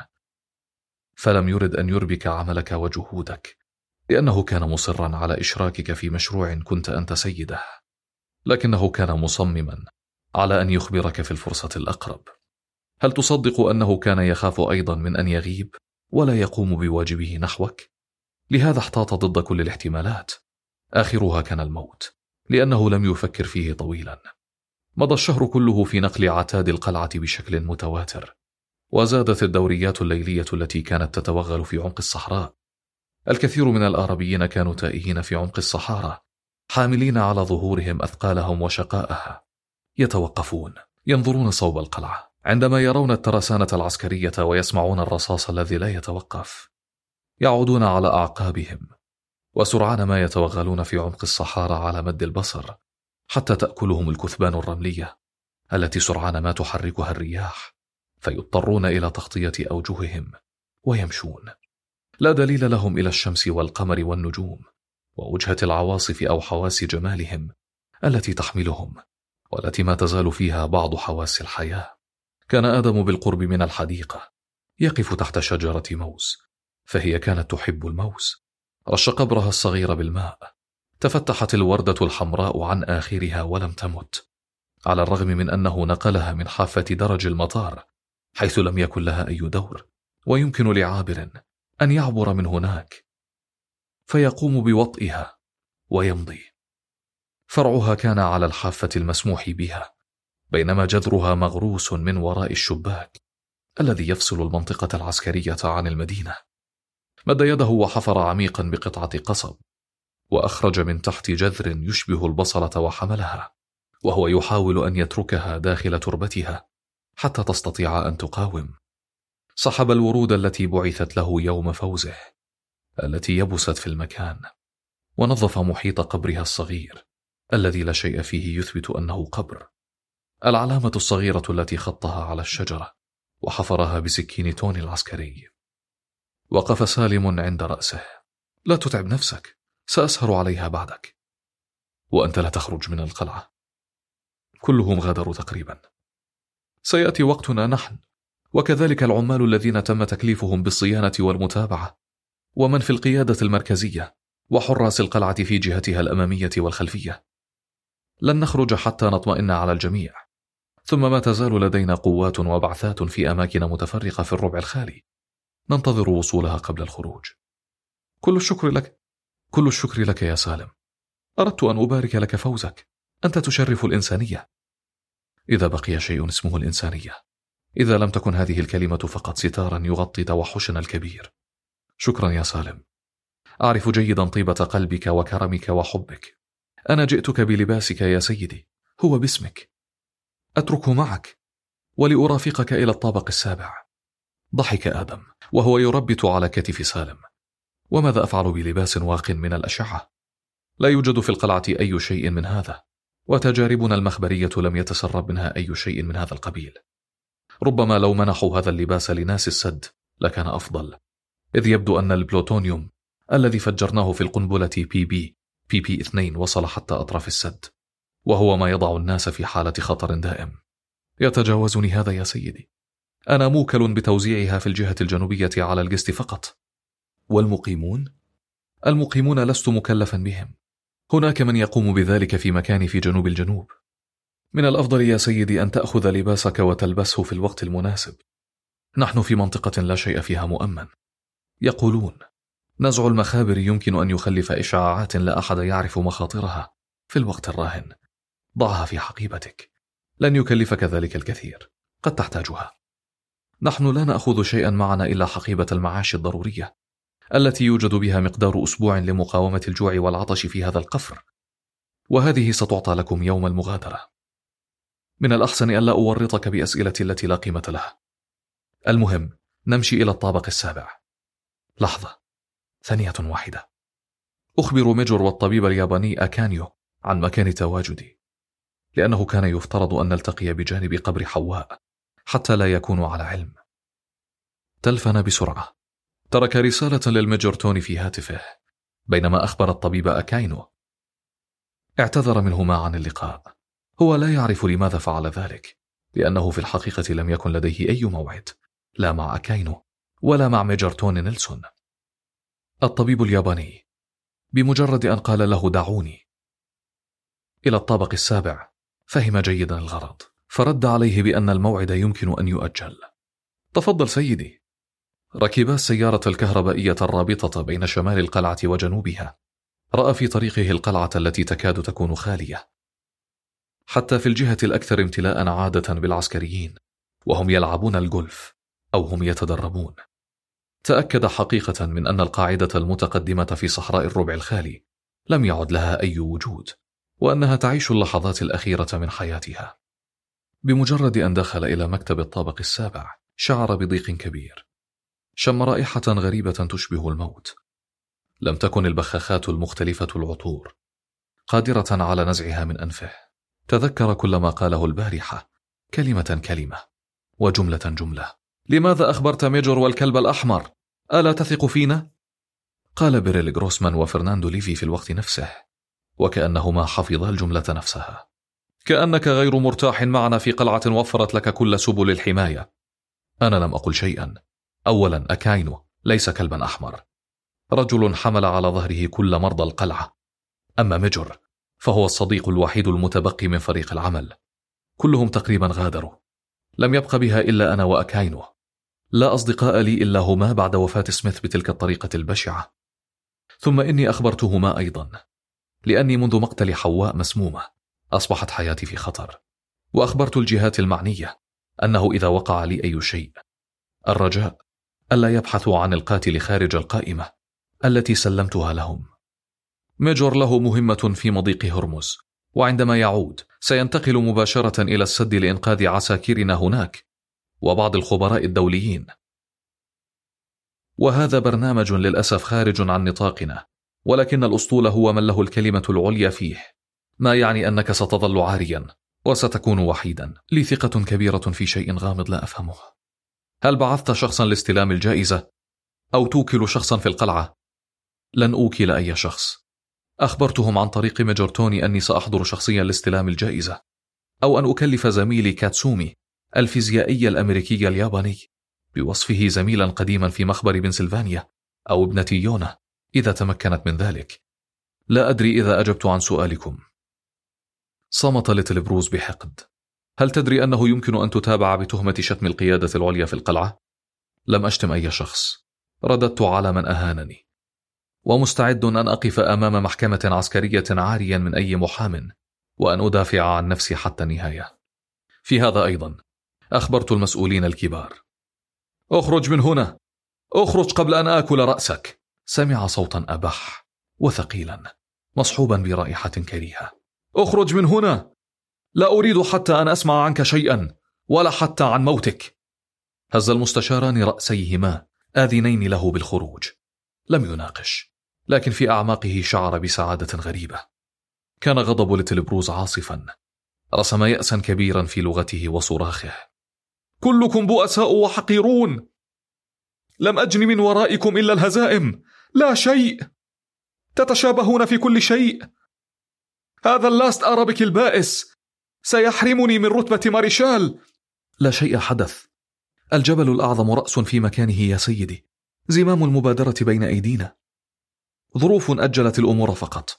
فلم يرد أن يربك عملك وجهودك لأنه كان مصرا على إشراكك في مشروع كنت أنت سيده، لكنه كان مصمما على أن يخبرك في الفرصة الأقرب. هل تصدق أنه كان يخاف أيضا من أن يغيب ولا يقوم بواجبه نحوك؟ لهذا احتاط ضد كل الاحتمالات، آخرها كان الموت، لأنه لم يفكر فيه طويلا. مضى الشهر كله في نقل عتاد القلعة بشكل متواتر، وزادت الدوريات الليلية التي كانت تتوغل في عمق الصحراء. الكثير من الآربيين كانوا تائهين في عمق الصحارى، حاملين على ظهورهم أثقالهم وشقائها، يتوقفون ينظرون صوب القلعة عندما يرون الترسانة العسكرية ويسمعون الرصاص الذي لا يتوقف. يعودون على أعقابهم وسرعان ما يتوغلون في عمق الصحارى على مد البصر حتى تأكلهم الكثبان الرملية التي سرعان ما تحركها الرياح، فيضطرون إلى تغطية أوجههم ويمشون. لا دليل لهم إلى الشمس والقمر والنجوم ووجهة العواصف أو حواس جمالهم التي تحملهم، والتي ما تزال فيها بعض حواس الحياة. كان آدم بالقرب من الحديقة يقف تحت شجرة موز، فهي كانت تحب الموز. رش قبرها الصغير بالماء، تفتحت الوردة الحمراء عن آخرها ولم تمت، على الرغم من أنه نقلها من حافة درج المطار حيث لم يكن لها أي دور، ويمكن لعابر أن يعبر من هناك فيقوم بوطئها ويمضي. فرعها كان على الحافة المسموح بها، بينما جذرها مغروس من وراء الشباك الذي يفصل المنطقة العسكرية عن المدينة. مد يده وحفر عميقا بقطعة قصب، وأخرج من تحت جذر يشبه البصلة وحملها. وهو يحاول أن يتركها داخل تربتها حتى تستطيع أن تقاوم. سحب الورود التي بعثت له يوم فوزه، التي يبست في المكان، ونظف محيط قبرها الصغير الذي لا شيء فيه يثبت أنه قبر، العلامة الصغيرة التي خطها على الشجرة وحفرها بسكين توني العسكري. وقف سالم عند رأسه. لا تتعب نفسك، سأسهر عليها بعدك. وأنت لا تخرج من القلعة. كلهم غادروا تقريبا. سيأتي وقتنا نحن، وكذلك العمال الذين تم تكليفهم بالصيانة والمتابعة، ومن في القيادة المركزية، وحراس القلعة في جهتها الأمامية والخلفية. لن نخرج حتى نطمئن على الجميع، ثم ما تزال لدينا قوات وبعثات في أماكن متفرقة في الربع الخالي، ننتظر وصولها قبل الخروج. كل الشكر لك، كل الشكر لك يا سالم. أردت أن أبارك لك فوزك، أنت تشرف الإنسانية. إذا بقي شيء اسمه الإنسانية، إذا لم تكن هذه الكلمة فقط ستارا يغطي توحشنا الكبير. شكرا يا سالم، أعرف جيدا طيبة قلبك وكرمك وحبك. أنا جئتك بلباسك يا سيدي، هو باسمك. أتركه معك ولأرافقك إلى الطابق السابع. ضحك آدم وهو يربت على كتف سالم. وماذا أفعل بلباس واق من الأشعة؟ لا يوجد في القلعة أي شيء من هذا، وتجاربنا المخبرية لم يتسرب منها أي شيء من هذا القبيل. ربما لو منحوا هذا اللباس لناس السد لكان أفضل، إذ يبدو أن البلوتونيوم الذي فجرناه في القنبلة بي بي بي بي اثنين وصل حتى أطراف السد، وهو ما يضع الناس في حالة خطر دائم. يتجاوزني هذا يا سيدي. أنا موكل بتوزيعها في الجهة الجنوبية على القسط فقط. والمقيمون؟ المقيمون لست مكلفا بهم. هناك من يقوم بذلك في مكان في جنوب الجنوب. من الأفضل يا سيدي أن تأخذ لباسك وتلبسه في الوقت المناسب. نحن في منطقة لا شيء فيها مؤمن. يقولون نزع المخابر يمكن أن يخلف إشعاعات لا أحد يعرف مخاطرها في الوقت الراهن. ضعها في حقيبتك، لن يكلفك ذلك الكثير، قد تحتاجها. نحن لا نأخذ شيئا معنا إلا حقيبة المعاش الضرورية التي يوجد بها مقدار أسبوع لمقاومة الجوع والعطش في هذا القفر، وهذه ستعطى لكم يوم المغادرة. من الأحسن ألا أورطك بأسئلة التي لا قيمة لها. المهم نمشي إلى الطابق السابع. لحظة، ثانية واحدة. أخبر ميجور والطبيب الياباني أكانيو عن مكان تواجدي، لأنه كان يفترض أن نلتقي بجانب قبر حواء حتى لا يكونوا على علم. تلفن بسرعة. ترك رسالة للميجور توني في هاتفه بينما أخبر الطبيب أكاينو. اعتذر منهما عن اللقاء. هو لا يعرف لماذا فعل ذلك، لأنه في الحقيقة لم يكن لديه أي موعد، لا مع أكاينو ولا مع ميجور توني نيلسون. الطبيب الياباني بمجرد أن قال له دعوني إلى الطابق السابع فهم جيدا الغرض، فرد عليه بأن الموعد يمكن أن يؤجل. تفضل سيدي. ركب السيارة الكهربائية الرابطة بين شمال القلعة وجنوبها. رأى في طريقه القلعة التي تكاد تكون خالية، حتى في الجهة الأكثر امتلاء عادة بالعسكريين وهم يلعبون الجولف أو هم يتدربون. تأكد حقيقة من أن القاعدة المتقدمة في صحراء الربع الخالي لم يعد لها أي وجود، وأنها تعيش اللحظات الأخيرة من حياتها. بمجرد أن دخل إلى مكتب الطابق السابع شعر بضيق كبير. شم رائحة غريبة تشبه الموت. لم تكن البخاخات المختلفة العطور قادرة على نزعها من أنفه. تذكر كل ما قاله البارحة كلمة كلمة وجملة جملة. لماذا أخبرت ميجور والكلب الأحمر؟ ألا تثق فينا؟ قال بيريل غروسمان وفرناندو ليفي في الوقت نفسه، وكأنهما حفظا الجملة نفسها. كأنك غير مرتاح معنا في قلعة وفرت لك كل سبل الحماية. أنا لم أقل شيئا. أولا أكاينو ليس كلبا أحمر، رجل حمل على ظهره كل مرضى القلعة. أما ميجور فهو الصديق الوحيد المتبقي من فريق العمل. كلهم تقريبا غادروا، لم يبق بها إلا أنا وأكاينو. لا أصدقاء لي إلا هما بعد وفاة سميث بتلك الطريقة البشعة. ثم إني أخبرتهما أيضا، لأني منذ مقتل حواء مسمومة أصبحت حياتي في خطر، وأخبرت الجهات المعنية أنه إذا وقع لي أي شيء الرجاء ألا يبحثوا عن القاتل خارج القائمة التي سلمتها لهم. ميجور له مهمة في مضيق هرمز، وعندما يعود سينتقل مباشرة إلى السد لإنقاذ عساكرنا هناك وبعض الخبراء الدوليين. وهذا برنامج للأسف خارج عن نطاقنا، ولكن الأسطول هو من له الكلمة العليا فيه، ما يعني أنك ستظل عاريا وستكون وحيدا. لي ثقة كبيرة في شيء غامض لا أفهمه. هل بعثت شخصا لاستلام الجائزة أو توكل شخصا في القلعة؟ لن أوكل أي شخص. أخبرتهم عن طريق ميجور توني أني سأحضر شخصيا لاستلام الجائزة، أو أن أكلف زميلي كاتسومي الفيزيائي الأمريكي الياباني بوصفه زميلا قديما في مخبر بنسلفانيا أو ابنة يونا إذا تمكنت من ذلك. لا أدري إذا أجبت عن سؤالكم. صمت ليتل بروز بحقد. هل تدري أنه يمكن أن تتابع بتهمة شتم القيادة العليا في القلعة؟ لم أشتم أي شخص، رددت على من أهانني، ومستعد أن أقف أمام محكمة عسكرية عاريا من أي محام وأن أدافع عن نفسي حتى النهاية. في هذا أيضا أخبرت المسؤولين الكبار. أخرج من هنا، أخرج قبل أن آكل رأسك. سمع صوتا أبح وثقيلا مصحوبا برائحة كريهة. أخرج من هنا، لا أريد حتى أن أسمع عنك شيئا ولا حتى عن موتك. هز المستشاران رأسيهما آذنين له بالخروج. لم يناقش، لكن في أعماقه شعر بسعادة غريبة. كان غضب ليتل بروز عاصفا، رسم يأسا كبيرا في لغته وصراخه. كلكم بؤساء وحقيرون، لم أجن من ورائكم إلا الهزائم، لا شيء، تتشابهون في كل شيء. هذا اللاست أرابيك البائس سيحرمني من رتبة ماريشال. لا شيء حدث، الجبل الأعظم رأس في مكانه يا سيدي، زمام المبادرة بين أيدينا، ظروف أجلت الأمور فقط.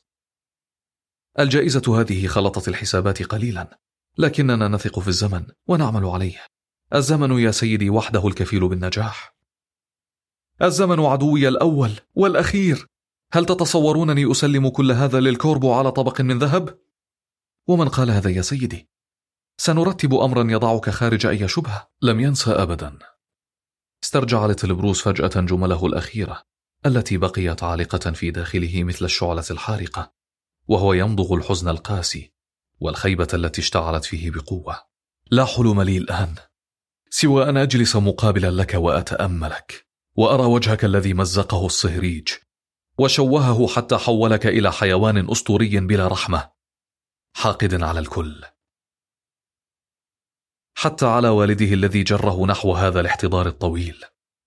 الجائزة هذه خلطت الحسابات قليلا، لكننا نثق في الزمن ونعمل عليه. الزمن يا سيدي وحده الكفيل بالنجاح. الزمن عدوي الأول والأخير. هل تتصورونني أسلم كل هذا للكوربو على طبق من ذهب؟ ومن قال هذا يا سيدي؟ سنرتب أمرا يضعك خارج أي شبهة. لم ينسى أبدا. استرجع ليتل بروز فجأة جمله الأخيرة التي بقيت عالقة في داخله مثل الشعلة الحارقة، وهو يمضغ الحزن القاسي والخيبة التي اشتعلت فيه بقوة. لا حلم لي الآن سوى أن أجلس مقابلا لك وأتأملك، وأرى وجهك الذي مزقه الصهريج وشوهه حتى حولك إلى حيوان أسطوري بلا رحمة، حاقد على الكل، حتى على والده الذي جره نحو هذا الاحتضار الطويل.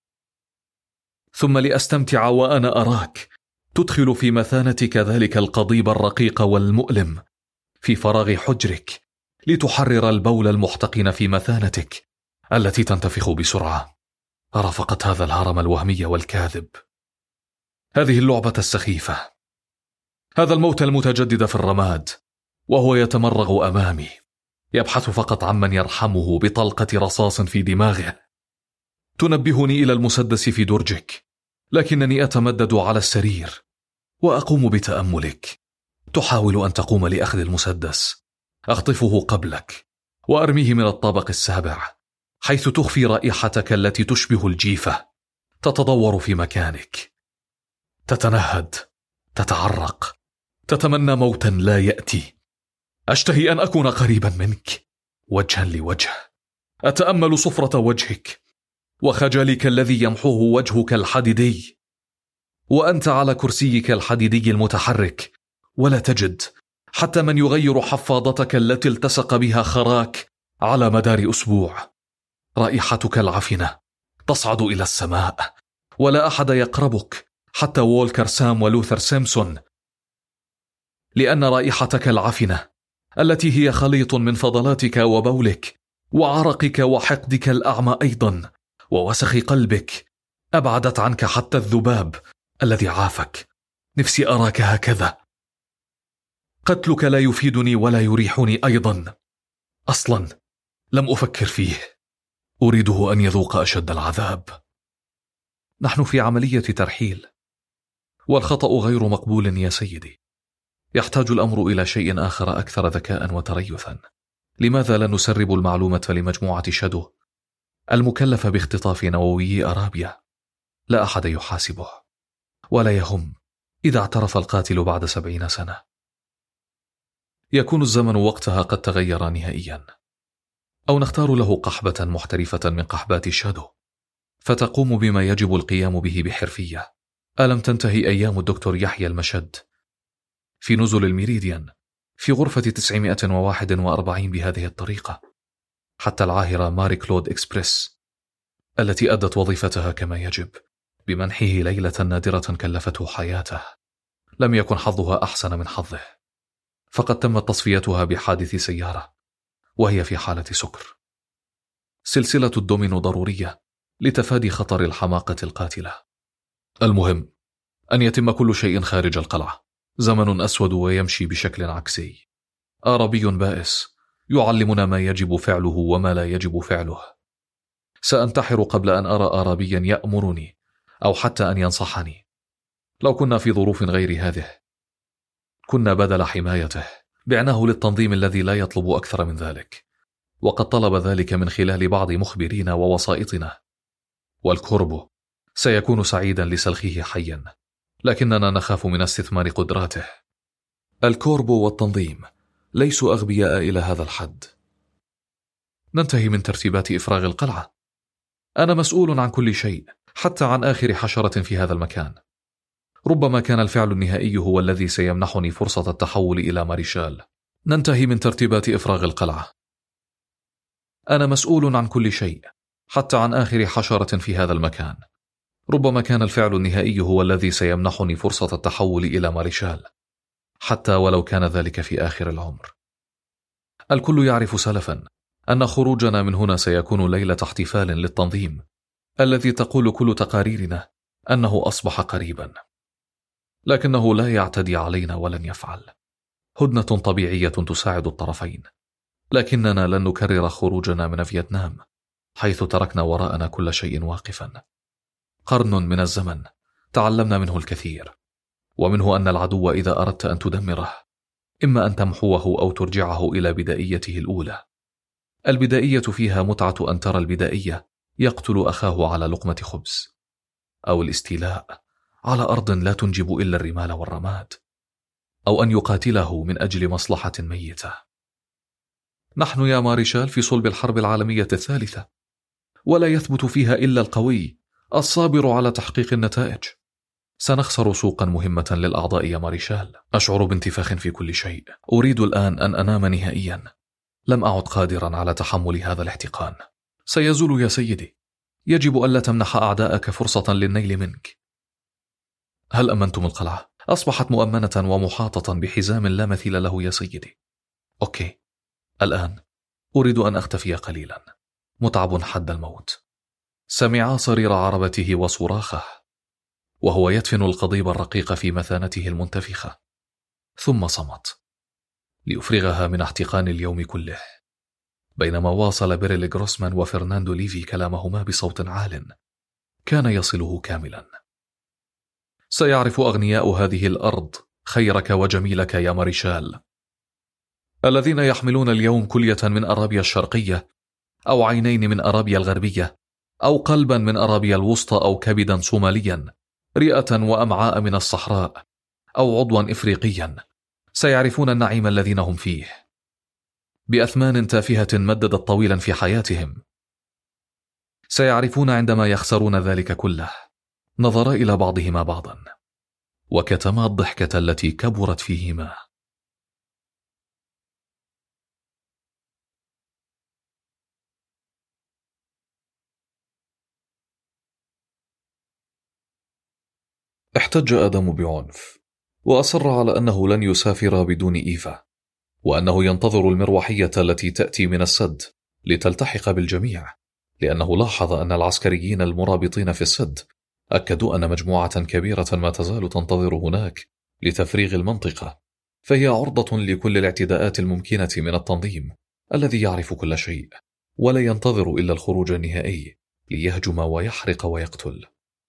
ثم لأستمتع وأنا أراك تدخل في مثانتك ذلك القضيب الرقيق والمؤلم في فراغ حجرك لتحرر البول المحتقن في مثانتك التي تنتفخ بسرعة. أرى فقط هذا الهرم الوهمي والكاذب، هذه اللعبة السخيفة، هذا الموت المتجدد في الرماد، وهو يتمرغ أمامي يبحث فقط عمن يرحمه بطلقة رصاص في دماغه. تنبهني إلى المسدس في درجك، لكنني أتمدد على السرير وأقوم بتأملك. تحاول أن تقوم لأخذ المسدس، أخطفه قبلك وأرميه من الطابق السابع، حيث تخفي رائحتك التي تشبه الجيفة. تتدور في مكانك، تتنهد، تتعرق، تتمنى موتا لا يأتي. أشتهي أن أكون قريبا منك وجها لوجه، أتأمل صفرة وجهك وخجلك الذي يمحوه وجهك الحديدي، وأنت على كرسيك الحديدي المتحرك، ولا تجد حتى من يغير حفاضتك التي التصق بها خراك على مدار أسبوع. رائحتك العفنة تصعد إلى السماء، ولا أحد يقربك حتى وولكر سام ولوثر سيمسون، لأن رائحتك العفنة التي هي خليط من فضلاتك وبولك وعرقك وحقدك الأعمى أيضا ووسخ قلبك أبعدت عنك حتى الذباب الذي عافك. نفسي أراك هكذا. قتلك لا يفيدني ولا يريحني أيضا، أصلا لم أفكر فيه، أريده أن يذوق أشد العذاب. نحن في عملية ترحيل، والخطأ غير مقبول يا سيدي. يحتاج الأمر إلى شيء آخر أكثر ذكاء وتريثا. لماذا لا نسرب المعلومة لمجموعة شادو المكلفة باختطاف نووي أرابيا؟ لا أحد يحاسبه، ولا يهم إذا اعترف القاتل بعد سبعين سنة. يكون الزمن وقتها قد تغير نهائيا، أو نختار له قحبة محترفة من قحبات الشادو فتقوم بما يجب القيام به بحرفية. ألم تنتهي أيام الدكتور يحيى المشد في نزل الميريديان في غرفة تسعمائة وواحد وأربعين بهذه الطريقة، حتى العاهرة ماري كلود إكسبريس التي أدت وظيفتها كما يجب بمنحه ليلة نادرة كلفته حياته لم يكن حظها أحسن من حظه، فقد تمت تصفيتها بحادث سيارة وهي في حالة سكر. سلسلة الدومينو ضرورية لتفادي خطر الحماقة القاتلة. المهم أن يتم كل شيء خارج القلعة. زمن أسود ويمشي بشكل عكسي. أعرابي بائس يعلمنا ما يجب فعله وما لا يجب فعله. سأنتحر قبل أن أرى أعرابيا يأمرني أو حتى أن ينصحني. لو كنا في ظروف غير هذه كنا بدل حمايته بعناه للتنظيم الذي لا يطلب أكثر من ذلك، وقد طلب ذلك من خلال بعض مخبرينا ووسائطنا. والكوربو سيكون سعيدا لسلخه حيا، لكننا نخاف من استثمار قدراته. الكوربو والتنظيم ليسوا أغبياء إلى هذا الحد. ننتهي من ترتيبات إفراغ القلعة. أنا مسؤول عن كل شيء، حتى عن آخر حشرة في هذا المكان. ربما كان الفعل النهائي هو الذي سيمنحني فرصة التحول إلى ماريشال. ننتهي من ترتيبات إفراغ القلعة. أنا مسؤول عن كل شيء، حتى عن آخر حشرة في هذا المكان. ربما كان الفعل النهائي هو الذي سيمنحني فرصة التحول إلى ماريشال، حتى ولو كان ذلك في آخر العمر. الكل يعرف سلفا أن خروجنا من هنا سيكون ليلة احتفال للتنظيم الذي تقول كل تقاريرنا أنه أصبح قريبا، لكنه لا يعتدي علينا ولن يفعل. هدنة طبيعية تساعد الطرفين، لكننا لن نكرر خروجنا من فيتنام حيث تركنا وراءنا كل شيء واقفا. قرن من الزمن تعلمنا منه الكثير، ومنه أن العدو إذا أردت أن تدمره إما أن تمحوه أو ترجعه إلى بدائيته الأولى. البدائية فيها متعة أن ترى البدائية يقتل أخاه على لقمة خبز، أو الاستيلاء على أرض لا تنجب إلا الرمال والرماد، أو أن يقاتله من أجل مصلحة ميتة. نحن يا ماريشال في صلب الحرب العالمية الثالثة، ولا يثبت فيها إلا القوي الصابر على تحقيق النتائج. سنخسر سوقا مهمة للأعضاء يا ماريشال. أشعر بانتفاخ في كل شيء. أريد الآن أن أنام نهائيا. لم أعد قادرا على تحمل هذا الاحتقان. سيزول يا سيدي. يجب ألا تمنح أعداءك فرصة للنيل منك. هل أمنتم القلعة؟ أصبحت مؤمنة ومحاطة بحزام لا مثيل له يا سيدي. أوكي، الآن أريد أن أختفي قليلا. متعب حد الموت. سمع صرير عربته وصراخه وهو يدفن القضيب الرقيق في مثانته المنتفخة، ثم صمت ليفرغها من احتقان اليوم كله. بينما واصل بيريل غروسمان وفرناندو ليفي كلامهما بصوت عال كان يصله كاملا. سيعرف أغنياء هذه الأرض خيرك وجميلك يا ماريشال، الذين يحملون اليوم كلية من أرابيا الشرقية، أو عينين من أرابيا الغربية، أو قلبا من أرابيا الوسطى، أو كبدا صوماليا، رئة وأمعاء من الصحراء، أو عضوا إفريقيا. سيعرفون النعيم الذين هم فيه بأثمان تافهة مددت طويلا في حياتهم. سيعرفون عندما يخسرون ذلك كله. نظرا إلى بعضهما بعضا وكتما الضحكة التي كبرت فيهما. احتج آدم بعنف وأصر على أنه لن يسافر بدون إيفا، وأنه ينتظر المروحية التي تأتي من السد لتلتحق بالجميع، لأنه لاحظ أن العسكريين المرابطين في السد أكدوا أن مجموعة كبيرة ما تزال تنتظر هناك لتفريغ المنطقة، فهي عرضة لكل الاعتداءات الممكنة من التنظيم الذي يعرف كل شيء ولا ينتظر إلا الخروج النهائي ليهجم ويحرق ويقتل.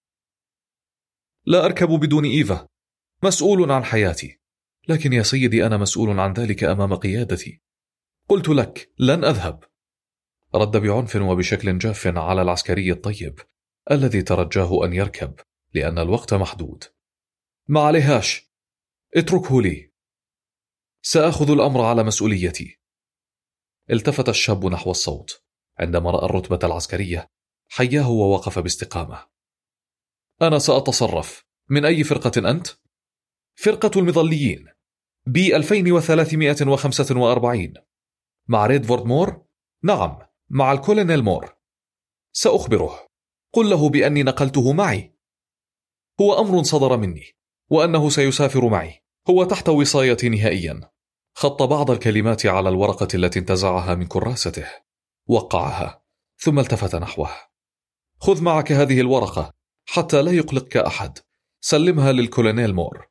لا أركب بدون إيفا، مسؤول عن حياتي. لكن يا سيدي أنا مسؤول عن ذلك أمام قيادتي. قلت لك لن أذهب. رد بعنف وبشكل جاف على العسكري الطيب الذي ترجاه أن يركب لأن الوقت محدود. ما عليهاش، اتركه لي. سأخذ الأمر على مسؤوليتي. التفت الشاب نحو الصوت عندما رأى الرتبة العسكرية، حياه ووقف باستقامة. أنا سأتصرف. من أي فرقة أنت؟ فرقة المظليين، بي ألفين وثلاثمائة وخمسة وأربعين. مع ريدفورد مور؟ نعم، مع الكولونيل مور. سأخبره. قل له بأني نقلته معي. هو أمر صدر مني، وأنه سيسافر معي. هو تحت وصايتي نهائيا. خط بعض الكلمات على الورقة التي انتزعها من كراسته، وقعها، ثم التفت نحوه. خذ معك هذه الورقة حتى لا يقلقك أحد. سلمها للكولونيل مور.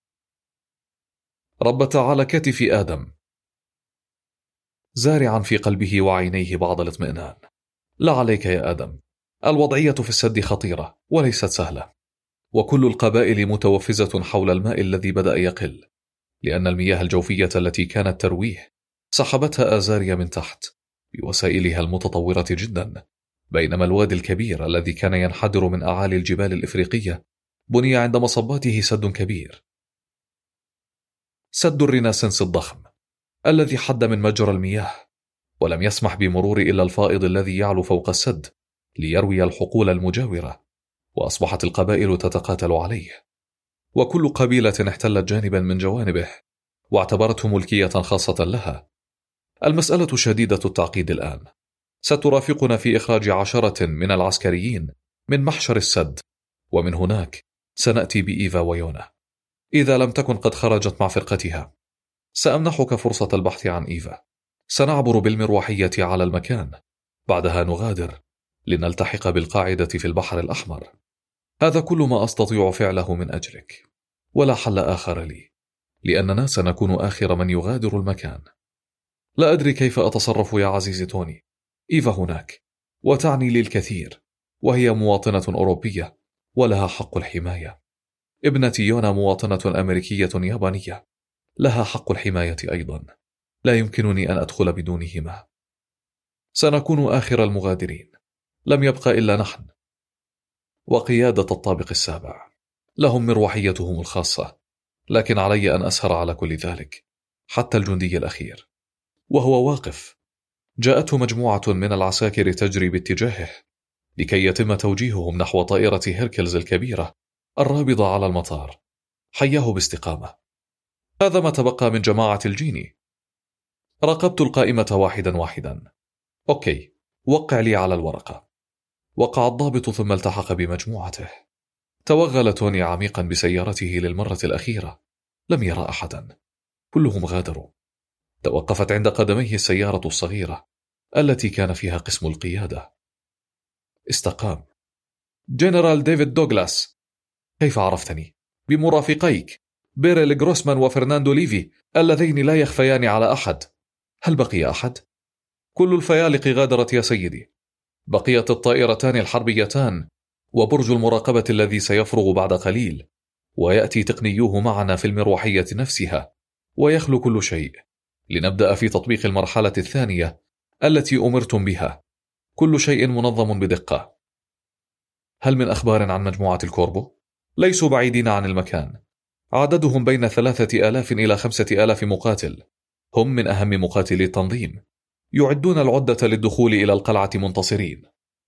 ربت على كتف آدم، زارعا في قلبه وعينيه بعض الاطمئنان. لا عليك يا آدم، الوضعية في السد خطيرة وليست سهلة، وكل القبائل متوفزة حول الماء الذي بدأ يقل، لأن المياه الجوفية التي كانت ترويه سحبتها آزاريا من تحت بوسائلها المتطورة جدا، بينما الوادي الكبير الذي كان ينحدر من أعالي الجبال الإفريقية بني عند مصباته سد كبير، سد الريناسنس الضخم الذي حد من مجرى المياه، ولم يسمح بمرور إلا الفائض الذي يعلو فوق السد ليروي الحقول المجاورة، وأصبحت القبائل تتقاتل عليه، وكل قبيلة احتلت جانبا من جوانبه واعتبرته ملكية خاصة لها. المسألة شديدة التعقيد الآن. سترافقنا في إخراج عشرة من العسكريين من محشر السد، ومن هناك سنأتي بإيفا ويونا إذا لم تكن قد خرجت مع فرقتها. سأمنحك فرصة البحث عن إيفا. سنعبر بالمروحية على المكان، بعدها نغادر لنلتحق بالقاعدة في البحر الأحمر. هذا كل ما أستطيع فعله من أجلك، ولا حل آخر لي، لأننا سنكون آخر من يغادر المكان. لا أدري كيف أتصرف يا عزيزي توني. إيفا هناك، وتعني لي الكثير، وهي مواطنة أوروبية ولها حق الحماية. ابنتي يونا مواطنة أمريكية يابانية، لها حق الحماية أيضا. لا يمكنني أن أدخل بدونهما. سنكون آخر المغادرين، لم يبقى إلا نحن وقيادة الطابق السابع. لهم مروحيتهم الخاصة، لكن علي أن أسهر على كل ذلك حتى الجندي الأخير وهو واقف. جاءته مجموعة من العساكر تجري باتجاهه لكي يتم توجيههم نحو طائرة هيركلز الكبيرة الرابضة على المطار. حياه باستقامة. هذا ما تبقى من جماعة الجيني. راقبت القائمة واحدا واحدا. أوكي، وقع لي على الورقة. وقع الضابط ثم التحق بمجموعته. توغل توني عميقا بسيارته للمرة الأخيرة. لم يرى أحدا، كلهم غادروا. توقفت عند قدميه السيارة الصغيرة التي كان فيها قسم القيادة. استقام. جنرال ديفيد دوغلاس. كيف عرفتني؟ بمرافقيك بيريل غروسمان وفرناندو ليفي اللذين لا يخفيان على أحد. هل بقي أحد؟ كل الفيالق غادرت يا سيدي. بقيت الطائرتان الحربيتان وبرج المراقبة الذي سيفرغ بعد قليل، ويأتي تقنيوه معنا في المروحية نفسها، ويخلو كل شيء لنبدأ في تطبيق المرحلة الثانية التي أمرتم بها. كل شيء منظم بدقة. هل من أخبار عن مجموعة الكوربو؟ ليسوا بعيدين عن المكان. عددهم بين ثلاثة آلاف إلى خمسة آلاف مقاتل. هم من أهم مقاتلي التنظيم، يعدون العدة للدخول إلى القلعة منتصرين.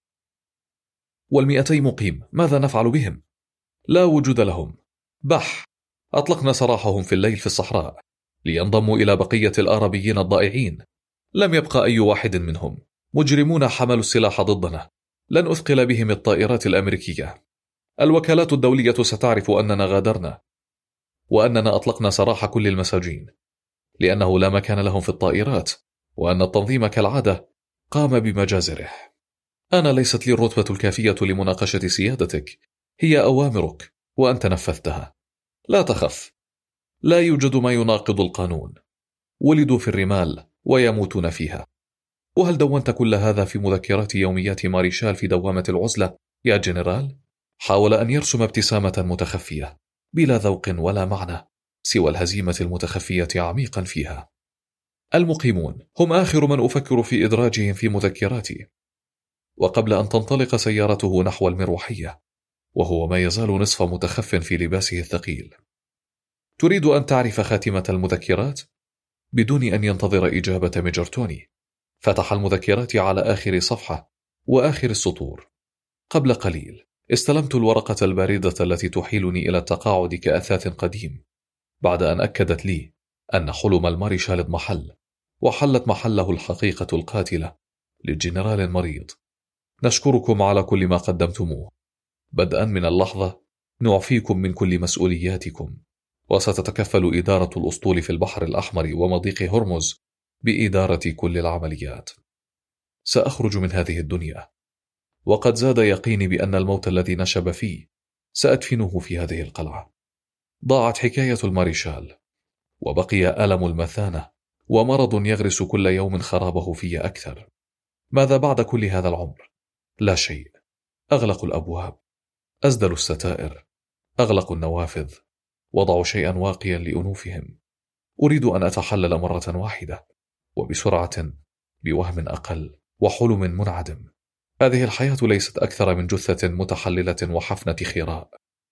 والمئتي مقيم ماذا نفعل بهم؟ لا وجود لهم. بح. أطلقنا سراحهم في الليل في الصحراء لينضموا إلى بقية الآربيين الضائعين. لم يبقى أي واحد منهم. مجرمون حملوا السلاح ضدنا. لن أثقل بهم الطائرات الأمريكية. الوكالات الدولية ستعرف أننا غادرنا، وأننا أطلقنا سراح كل المساجين، لأنه لا مكان لهم في الطائرات، وأن التنظيم كالعادة قام بمجازره. أنا ليست لي الرتبة الكافية لمناقشة سيادتك. هي أوامرك وأنت نفذتها. لا تخف. لا يوجد ما يناقض القانون. ولدوا في الرمال ويموتون فيها. وهل دونت كل هذا في مذكرات يوميات ماريشال في دوامة العزلة يا جنرال؟ حاول أن يرسم ابتسامة متخفية بلا ذوق ولا معنى سوى الهزيمة المتخفية عميقا فيها. المقيمون هم آخر من أفكر في إدراجهم في مذكراتي. وقبل أن تنطلق سيارته نحو المروحية، وهو ما يزال نصف متخف في لباسه الثقيل. تريد أن تعرف خاتمة المذكرات؟ بدون أن ينتظر إجابة ميجرتوني. فتح المذكرات على آخر صفحة وآخر السطور. قبل قليل استلمت الورقة الباردة التي تحيلني إلى التقاعد كأثاث قديم، بعد أن أكدت لي أن حلم الماريشال اضمحل، وحلت محله الحقيقة القاتلة للجنرال مريض. نشكركم على كل ما قدمتموه. بدءا من اللحظة نعفيكم من كل مسؤولياتكم، وستتكفل إدارة الأسطول في البحر الأحمر ومضيق هرمز بإدارة كل العمليات. سأخرج من هذه الدنيا، وقد زاد يقيني بأن الموت الذي نشب فيه سأدفنه في هذه القلعة. ضاعت حكاية الماريشال، وبقي ألم المثانة ومرض يغرس كل يوم خرابه في أكثر. ماذا بعد كل هذا العمر؟ لا شيء. أغلق الأبواب، أزدل الستائر، أغلق النوافذ، وضعوا شيئا واقيا لأنوفهم. أريد أن أتحلل مرة واحدة وبسرعة بوهم أقل وحلم منعدم. هذه الحياة ليست أكثر من جثة متحللة وحفنة خراء.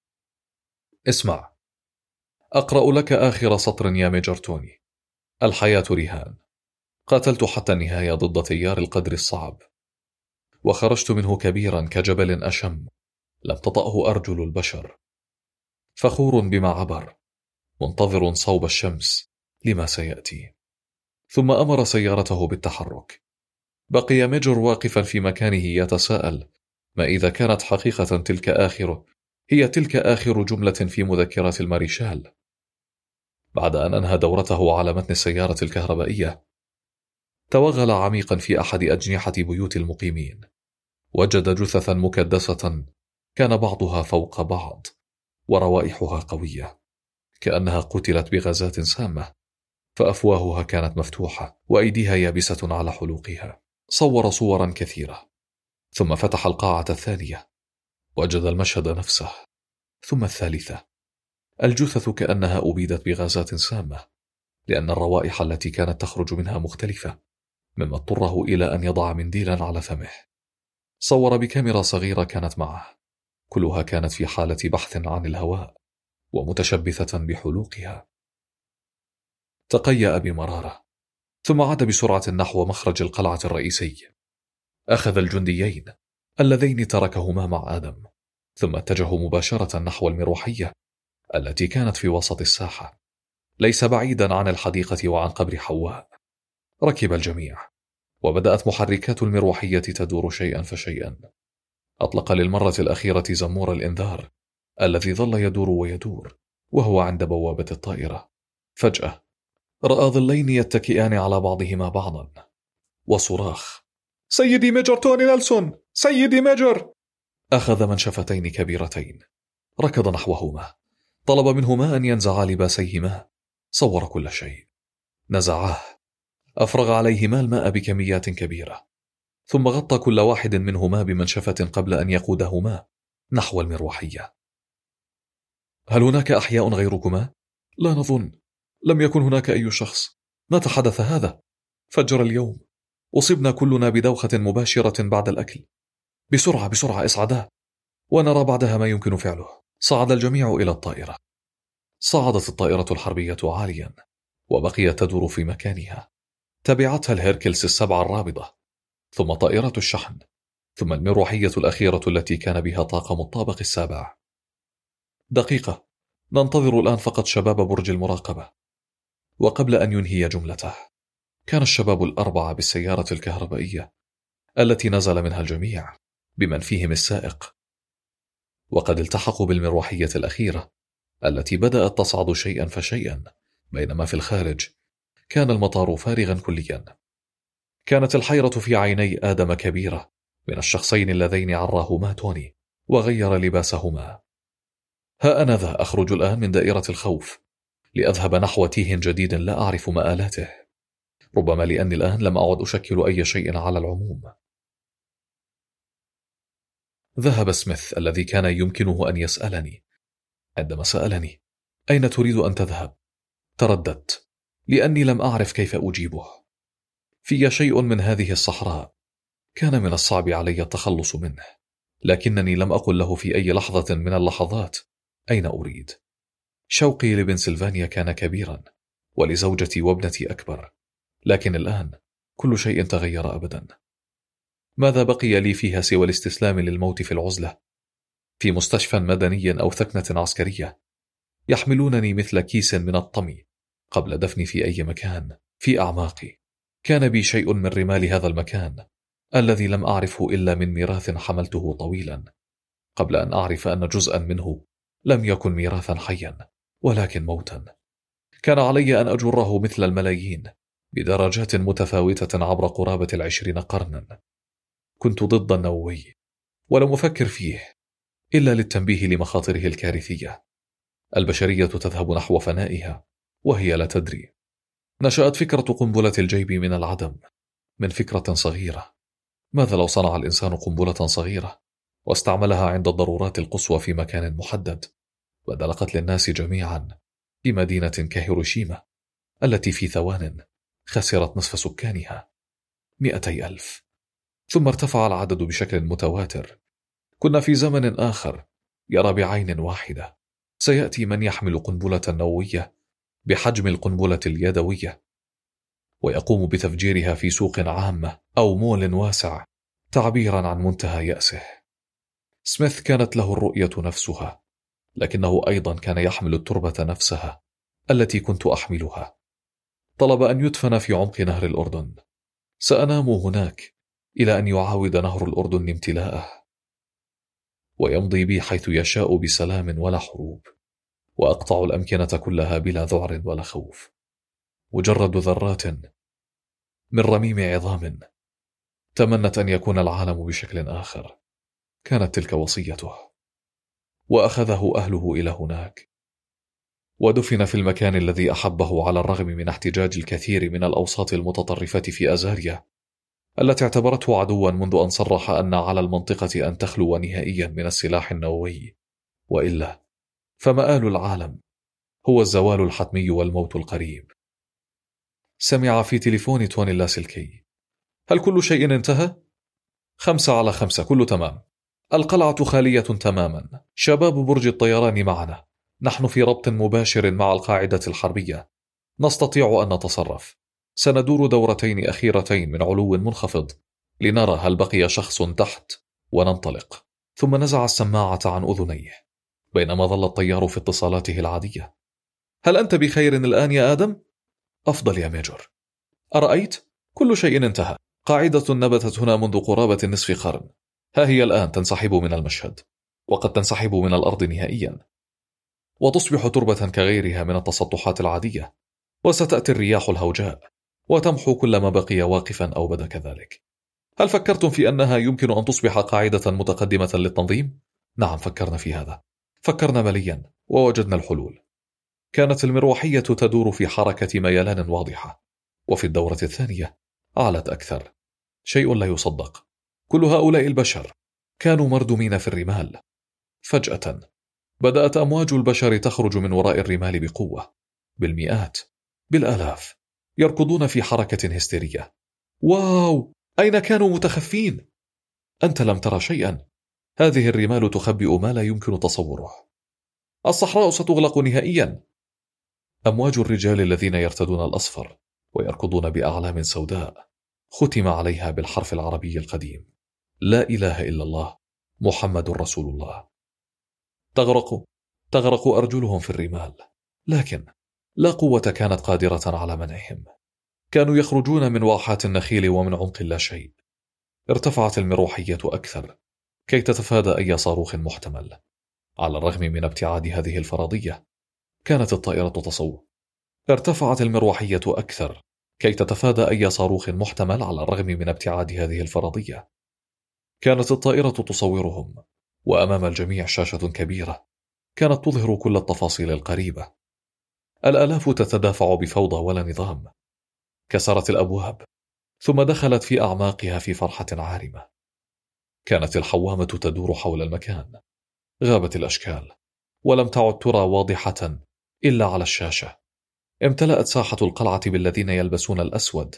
اسمع، أقرأ لك آخر سطر يا ميجرتوني. الحياة رهان. قاتلت حتى النهاية ضد تيار القدر الصعب، وخرجت منه كبيرا كجبل أشم لم تطأه أرجل البشر، فخور بما عبر، منتظر صوب الشمس لما سيأتي. ثم أمر سيارته بالتحرك. بقي ميجر واقفا في مكانه يتساءل ما إذا كانت حقيقة تلك آخر هي تلك آخر جملة في مذكرات الماريشال. بعد أن أنهى دورته على متن السيارة الكهربائية، توغل عميقا في أحد أجنحة بيوت المقيمين. وجد جثثا مكدسة كان بعضها فوق بعض، وروائحها قوية كأنها قتلت بغازات سامة، فأفواهها كانت مفتوحة وأيديها يابسة على حلوقها. صور صورا كثيرة، ثم فتح القاعة الثانية، وجد المشهد نفسه، ثم الثالثة. الجثث كأنها أبيدت بغازات سامة، لأن الروائح التي كانت تخرج منها مختلفة، مما اضطره إلى أن يضع منديلا على فمه. صور بكاميرا صغيرة كانت معه، كلها كانت في حالة بحث عن الهواء ومتشبثة بحلوقها. تقيأ بمرارة، ثم عاد بسرعة نحو مخرج القلعة الرئيسي. أخذ الجنديين اللذين تركهما مع آدم، ثم اتجهوا مباشرة نحو المروحية التي كانت في وسط الساحة، ليس بعيدا عن الحديقة وعن قبر حواء. ركب الجميع، وبدأت محركات المروحية تدور شيئا فشيئا. أطلق للمرة الأخيرة زمور الإنذار الذي ظل يدور ويدور وهو عند بوابة الطائرة. فجأة رأى ظلين يتكئان على بعضهما بعضا، وصراخ: سيدي ميجر توني نيلسون، سيدي ميجر! أخذ منشفتين كبيرتين، ركض نحوهما، طلب منهما أن ينزعا لباسيهما. صور كل شيء، نزعاه، أفرغ عليهما الماء بكميات كبيرة، ثم غطى كل واحد منهما بمنشفة قبل أن يقودهما نحو المروحية. هل هناك أحياء غيركما؟ لا نظن، لم يكن هناك أي شخص. متى حدث هذا؟ فجر اليوم، أصبنا كلنا بدوخة مباشرة بعد الأكل. بسرعة بسرعة اصعدا، ونرى بعدها ما يمكن فعله. صعد الجميع إلى الطائرة. صعدت الطائرة الحربية عاليا، وبقيت تدور في مكانها. تبعتها الهيركلس السبعة الرابضة، ثم طائرة الشحن، ثم المروحية الأخيرة التي كان بها طاقم الطابق السابع. دقيقة، ننتظر الآن فقط شباب برج المراقبة. وقبل أن ينهي جملته، كان الشباب الأربعة بالسيارة الكهربائية التي نزل منها الجميع بمن فيهم السائق، وقد التحقوا بالمروحية الأخيرة التي بدأت تصعد شيئا فشيئا، بينما في الخارج كان المطار فارغا كليا. كانت الحيرة في عيني آدم كبيرة من الشخصين اللذين عراهما توني وغير لباسهما. ها أنا ذا أخرج الآن من دائرة الخوف لأذهب نحو تيه جديد لا أعرف مآلاته، ربما لأني الآن لم أعد أشكل أي شيء على العموم. ذهب سميث الذي كان يمكنه أن يسألني. عندما سألني أين تريد أن تذهب، ترددت لأني لم أعرف كيف أجيبه. في شيء من هذه الصحراء كان من الصعب علي التخلص منه، لكنني لم أقل له في أي لحظة من اللحظات أين أريد. شوقي لبنسلفانيا كان كبيرا، ولزوجتي وابنتي أكبر. لكن الآن كل شيء تغير أبدا. ماذا بقي لي فيها سوى الاستسلام للموت في العزلة، في مستشفى مدني أو ثكنة عسكرية، يحملونني مثل كيس من الطمي قبل دفني في أي مكان في أعماقي. كان بي شيء من رمال هذا المكان الذي لم أعرفه إلا من ميراث حملته طويلا، قبل أن أعرف أن جزءا منه لم يكن ميراثا حيا ولكن موتا. كان علي أن أجره مثل الملايين بدرجات متفاوتة عبر قرابة العشرين قرنا. كنت ضد النووي ولم أفكر فيه إلا للتنبيه لمخاطره الكارثية. البشرية تذهب نحو فنائها وهي لا تدري. نشأت فكرة قنبلة الجيب من العدم، من فكرة صغيرة. ماذا لو صنع الإنسان قنبلة صغيرة واستعملها عند الضرورات القصوى في مكان محدد، بدل قتل الناس جميعا في مدينة كهيروشيما التي في ثوان خسرت نصف سكانها، مئتي ألف، ثم ارتفع العدد بشكل متواتر. كنا في زمن آخر يرى بعين واحدة سيأتي من يحمل قنبلة نووية بحجم القنبلة اليدوية ويقوم بتفجيرها في سوق عامة أو مول واسع، تعبيرا عن منتهى يأسه. سميث كانت له الرؤية نفسها، لكنه أيضا كان يحمل التربة نفسها التي كنت أحملها. طلب أن يدفن في عمق نهر الأردن. سأنام هناك إلى أن يعاود نهر الأردن امتلاءه ويمضي بي حيث يشاء بسلام ولا حروب، وأقطع الأمكنة كلها بلا ذعر ولا خوف. مجرد ذرات من رميم عظام تمنت أن يكون العالم بشكل آخر. كانت تلك وصيته. وأخذه أهله إلى هناك ودفن في المكان الذي أحبه على الرغم من احتجاج الكثير من الأوساط المتطرفة في أزاريا التي اعتبرته عدوا منذ أن صرح أن على المنطقة أن تخلو نهائيا من السلاح النووي، وإلا فمآل العالم هو الزوال الحتمي والموت القريب. سمع في تليفون توني اللاسلكي: هل كل شيء انتهى؟ خمسة على خمسة، كله تمام. القلعة خالية تماما. شباب برج الطيران معنا. نحن في ربط مباشر مع القاعدة الحربية. نستطيع أن نتصرف. سندور دورتين أخيرتين من علو منخفض لنرى هل بقي شخص تحت وننطلق. ثم نزع السماعة عن أذنيه بينما ظل الطيار في اتصالاته العادية. هل أنت بخير الآن يا آدم؟ أفضل يا ميجور. أرأيت؟ كل شيء انتهى. قاعدة نبتت هنا منذ قرابة نصف قرن، ها هي الآن تنسحب من المشهد، وقد تنسحب من الأرض نهائيا وتصبح تربة كغيرها من التسطحات العادية، وستأتي الرياح الهوجاء وتمحو كل ما بقي واقفا أو بدا كذلك. هل فكرتم في أنها يمكن أن تصبح قاعدة متقدمة للتنظيم؟ نعم، فكرنا في هذا. فكرنا مليا ووجدنا الحلول. كانت المروحية تدور في حركة ميلان واضحة، وفي الدورة الثانية علت أكثر. شيء لا يصدق. كل هؤلاء البشر كانوا مردومين في الرمال. فجأة بدأت أمواج البشر تخرج من وراء الرمال بقوة، بالمئات، بالآلاف، يركضون في حركة هستيرية. واو، أين كانوا متخفين؟ أنت لم ترى شيئا. هذه الرمال تخبئ ما لا يمكن تصوره. الصحراء ستغلق نهائيا. أمواج الرجال الذين يرتدون الأصفر ويركضون بأعلام سوداء ختم عليها بالحرف العربي القديم: لا إله إلا الله محمد رسول الله. تغرق تغرق أرجلهم في الرمال، لكن لا قوة كانت قادرة على منعهم. كانوا يخرجون من واحات النخيل ومن عمق لا شيء. ارتفعت المروحية أكثر كي تتفادى أي صاروخ محتمل. على الرغم من ابتعاد هذه الفرضية، كانت الطائرة تصور. ارتفعت المروحية أكثر كي تتفادى أي صاروخ محتمل. على الرغم من ابتعاد هذه الفرضية، كانت الطائرة تصورهم، وأمام الجميع شاشة كبيرة كانت تظهر كل التفاصيل القريبة. الآلاف تتدافع بفوضى ولا نظام. كسرت الأبواب ثم دخلت في أعماقها في فرحة عارمة. كانت الحوامة تدور حول المكان. غابت الأشكال ولم تعد ترى واضحة إلا على الشاشة. امتلأت ساحة القلعة بالذين يلبسون الأسود،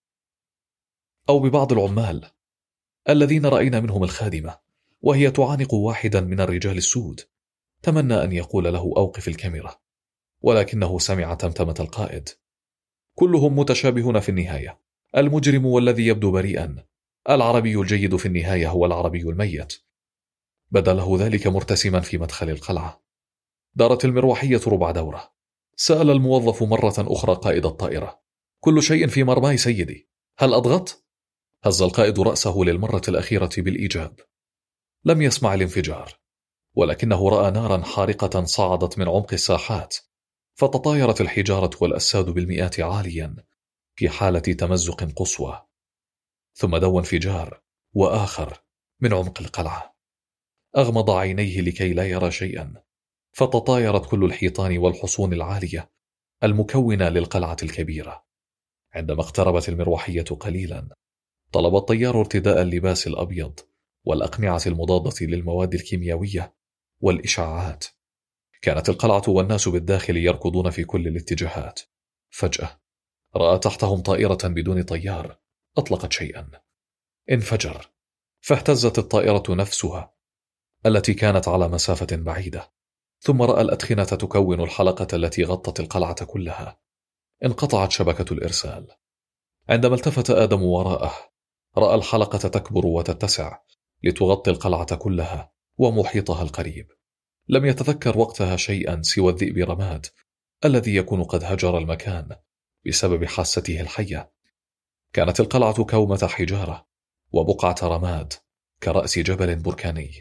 أو ببعض العمال الذين رأينا منهم الخادمة وهي تعانق واحدا من الرجال السود. تمنى أن يقول له: أوقف الكاميرا، ولكنه سمع تمتمة القائد: كلهم متشابهون في النهاية، المجرم والذي يبدو بريئا، العربي الجيد في النهاية هو العربي الميت. بدا له ذلك مرتسما في مدخل القلعة. دارت المروحية ربع دورة. سأل الموظف مرة أخرى قائد الطائرة: كل شيء في مرماي سيدي، هل أضغط؟ هز القائد رأسه للمرة الأخيرة بالإيجاب. لم يسمع الانفجار، ولكنه رأى نارا حارقة صعدت من عمق الساحات، فتطايرت الحجارة والأساد بالمئات عاليا في حالة تمزق قصوى. ثم دو انفجار وآخر من عمق القلعة. أغمض عينيه لكي لا يرى شيئا، فتطايرت كل الحيطان والحصون العالية المكونة للقلعة الكبيرة. عندما اقتربت المروحية قليلا، طلب الطيار ارتداء اللباس الأبيض والأقنعة المضادة للمواد الكيميائية والإشعاعات. كانت القلعة والناس بالداخل يركضون في كل الاتجاهات. فجأة رأى تحتهم طائرة بدون طيار أطلقت شيئا. انفجر، فاهتزت الطائرة نفسها التي كانت على مسافة بعيدة. ثم رأى الأدخنة تكون الحلقة التي غطت القلعة كلها. انقطعت شبكة الإرسال. عندما التفت آدم وراءه، رأى الحلقة تكبر وتتسع لتغطي القلعة كلها ومحيطها القريب. لم يتذكر وقتها شيئا سوى الذئب رماد الذي يكون قد هجر المكان بسبب حاسته الحية. كانت القلعة كومة حجارة وبقعة رماد كرأس جبل بركاني.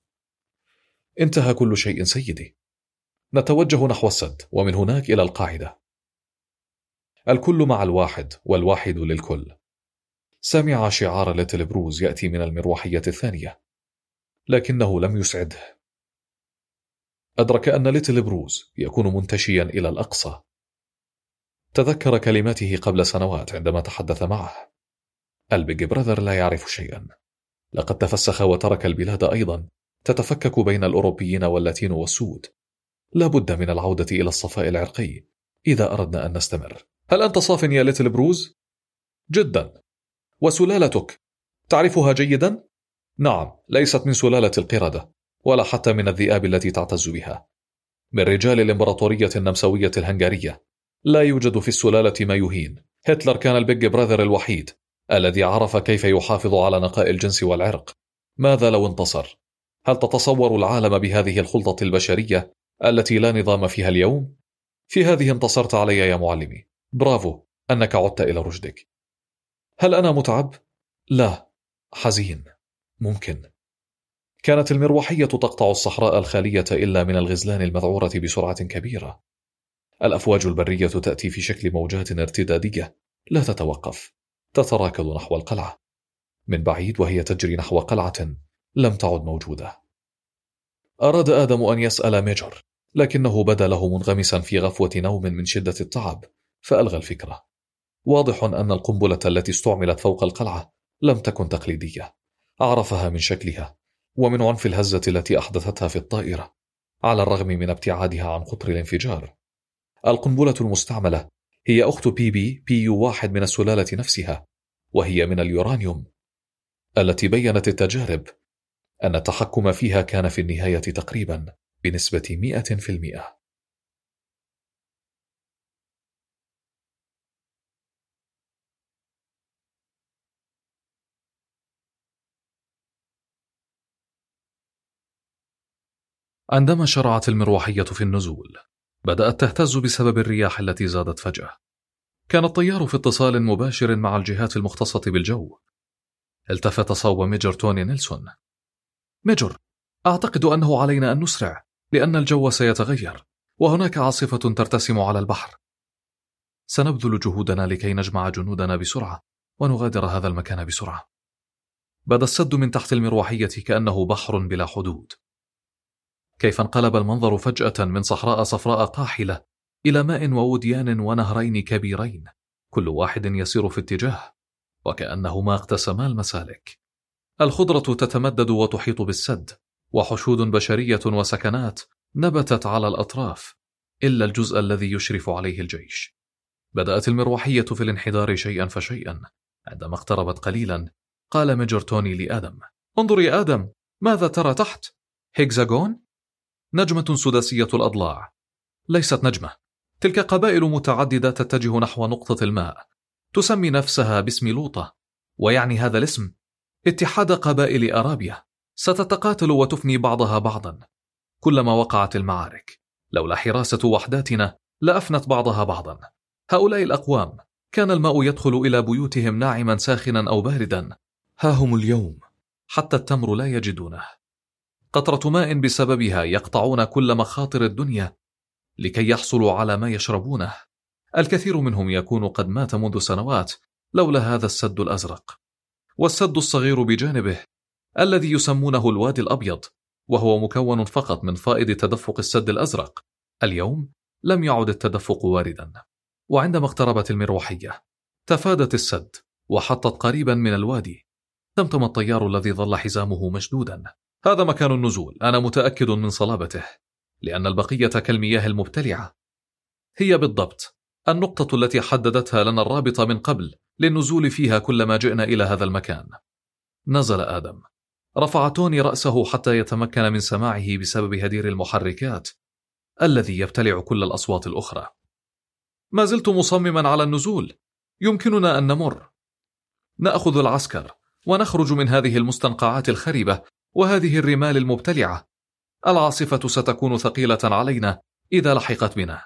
انتهى كل شيء سيدي. نتوجه نحو السد ومن هناك إلى القاعدة. الكل مع الواحد والواحد للكل. سمع شعار ليتل بروز يأتي من المروحية الثانية، لكنه لم يسعده. أدرك أن ليتل بروز يكون منتشيا إلى الأقصى. تذكر كلماته قبل سنوات عندما تحدث معه: البيج براذر لا يعرف شيئا، لقد تفسخ وترك البلاد أيضا تتفكك بين الأوروبيين واللاتين والسود. لا بد من العودة إلى الصفاء العرقي إذا أردنا أن نستمر. هل أنت صاف يا ليتل بروز؟ جدا. وسلالتك تعرفها جيدا؟ نعم، ليست من سلالة القردة ولا حتى من الذئاب التي تعتز بها. من رجال الإمبراطورية النمساوية الهنغارية. لا يوجد في السلالة ما يهين. هتلر كان البيج براذر الوحيد الذي عرف كيف يحافظ على نقاء الجنس والعرق. ماذا لو انتصر؟ هل تتصور العالم بهذه الخلطة البشرية التي لا نظام فيها اليوم؟ في هذه انتصرت علي يا معلمي. برافو أنك عدت إلى رشدك. هل أنا متعب؟ لا، حزين. ممكن. كانت المروحية تقطع الصحراء الخالية إلا من الغزلان المذعورة بسرعة كبيرة. الأفواج البرية تأتي في شكل موجات ارتدادية لا تتوقف، تتراكض نحو القلعة من بعيد وهي تجري نحو قلعة لم تعد موجودة. أراد آدم أن يسأل ميجر، لكنه بدا له منغمسا في غفوة نوم من شدة التعب، فألغى الفكرة. واضح أن القنبلة التي استعملت فوق القلعة لم تكن تقليدية. عرفها من شكلها ومن عنف الهزة التي أحدثتها في الطائرة، على الرغم من ابتعادها عن قطر الانفجار. القنبلة المستعملة هي أخت بي بي بي يو واحد من السلالة نفسها، وهي من اليورانيوم، التي بيّنت التجارب أن التحكم فيها كان في النهاية تقريبا بنسبة مئة في المئة. عندما شرعت المروحية في النزول، بدأت تهتز بسبب الرياح التي زادت فجأة. كان الطيار في اتصال مباشر مع الجهات المختصة بالجو. التفت صوب ميجر توني نيلسون. ميجر، أعتقد أنه علينا أن نسرع لأن الجو سيتغير وهناك عاصفة ترتسم على البحر. سنبذل جهودنا لكي نجمع جنودنا بسرعة ونغادر هذا المكان بسرعة. بدا السد من تحت المروحية كأنه بحر بلا حدود. كيف انقلب المنظر فجأة من صحراء صفراء قاحلة إلى ماء ووديان ونهرين كبيرين، كل واحد يسير في اتجاه، وكأنهما اقتسما المسالك. الخضرة تتمدد وتحيط بالسد، وحشود بشرية وسكنات نبتت على الأطراف، إلا الجزء الذي يشرف عليه الجيش. بدأت المروحية في الانحدار شيئا فشيئا. عندما اقتربت قليلا، قال ميجر توني لآدم: انظر يا آدم، ماذا ترى تحت؟ هيكزاغون؟ نجمة سداسية الأضلاع. ليست نجمة، تلك قبائل متعددة تتجه نحو نقطة الماء، تسمي نفسها باسم لوطة، ويعني هذا الاسم اتحاد قبائل أرابيا، ستتقاتل وتفني بعضها بعضا كلما وقعت المعارك. لولا حراسة وحداتنا لأفنت بعضها بعضا. هؤلاء الأقوام كان الماء يدخل إلى بيوتهم ناعما ساخنا أو باردا، ها هم اليوم حتى التمر لا يجدونه. قطرة ماء بسببها يقطعون كل مخاطر الدنيا لكي يحصلوا على ما يشربونه. الكثير منهم يكون قد مات منذ سنوات لولا هذا السد الأزرق. والسد الصغير بجانبه الذي يسمونه الوادي الأبيض، وهو مكون فقط من فائض تدفق السد الأزرق، اليوم لم يعد التدفق واردا. وعندما اقتربت المروحية تفادت السد وحطت قريبا من الوادي. تمتم الطيار الذي ظل حزامه مشدودا. هذا مكان النزول، أنا متأكد من صلابته، لأن البقية كالمياه المبتلعة. هي بالضبط النقطة التي حددتها لنا الرابط من قبل للنزول فيها كلما جئنا إلى هذا المكان. نزل آدم، رفع توني رأسه حتى يتمكن من سماعه بسبب هدير المحركات الذي يبتلع كل الأصوات الأخرى. ما زلت مصمما على النزول. يمكننا أن نمر، نأخذ العسكر ونخرج من هذه المستنقعات الخربة وهذه الرمال المبتلعة. العاصفة ستكون ثقيلة علينا إذا لحقت بنا.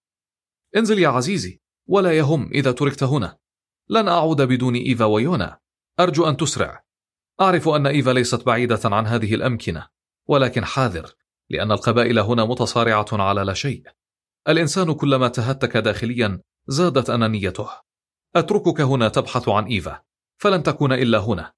انزل يا عزيزي، ولا يهم إذا تركت هنا. لن أعود بدون إيفا ويونا. أرجو أن تسرع. أعرف أن إيفا ليست بعيدة عن هذه الأمكنة، ولكن حاذر، لأن القبائل هنا متصارعة على لا شيء. الإنسان كلما تهتك داخليا زادت أنانيته. أتركك هنا تبحث عن إيفا، فلن تكون إلا هنا.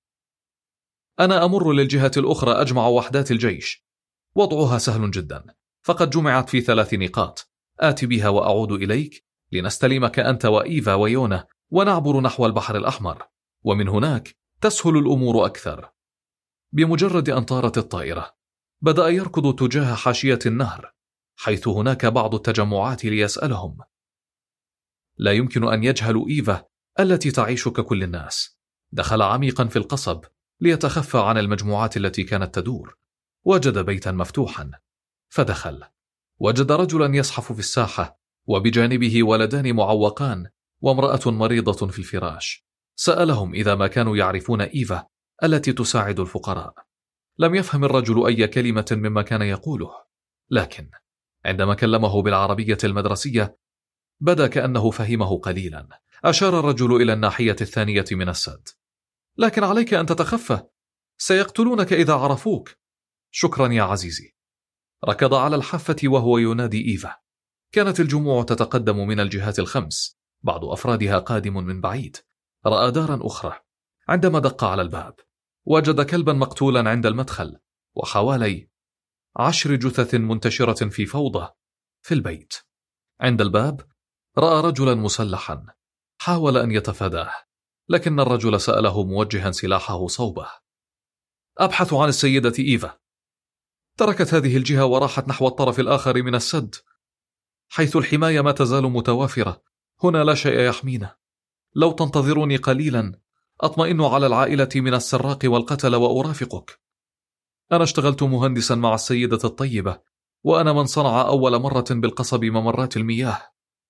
أنا أمر للجهة الأخرى أجمع وحدات الجيش. وضعها سهل جدا، فقد جمعت في ثلاث نقاط. آتي بها وأعود إليك لنستلمك أنت وإيفا ويونا ونعبر نحو البحر الأحمر، ومن هناك تسهل الأمور أكثر. بمجرد أن طارت الطائرة بدأ يركض تجاه حاشية النهر، حيث هناك بعض التجمعات ليسألهم. لا يمكن أن يجهلوا إيفا التي تعيش ككل الناس. دخل عميقا في القصب ليتخفى عن المجموعات التي كانت تدور. وجد بيتا مفتوحا فدخل. وجد رجلا يزحف في الساحة، وبجانبه ولدان معوقان وامرأة مريضة في الفراش. سألهم إذا ما كانوا يعرفون إيفا التي تساعد الفقراء. لم يفهم الرجل أي كلمة مما كان يقوله، لكن عندما كلمه بالعربية المدرسية بدا كأنه فهمه قليلا. أشار الرجل إلى الناحية الثانية من السد. لكن عليك أن تتخفى، سيقتلونك إذا عرفوك. شكرا يا عزيزي. ركض على الحافة وهو ينادي إيفا. كانت الجموع تتقدم من الجهات الخمس، بعض أفرادها قادم من بعيد. رأى دارا أخرى. عندما دق على الباب وجد كلبا مقتولا عند المدخل، وحوالي عشر جثث منتشرة في فوضى في البيت. عند الباب رأى رجلا مسلحا، حاول أن يتفاداه، لكن الرجل سأله موجها سلاحه صوبه. أبحث عن السيدة إيفا. تركت هذه الجهة وراحت نحو الطرف الآخر من السد، حيث الحماية ما تزال متوافرة. هنا لا شيء يحمينا. لو تنتظروني قليلا أطمئن على العائلة من السراق والقتل وأرافقك. أنا اشتغلت مهندسا مع السيدة الطيبة، وأنا من صنع أول مرة بالقصب ممرات المياه.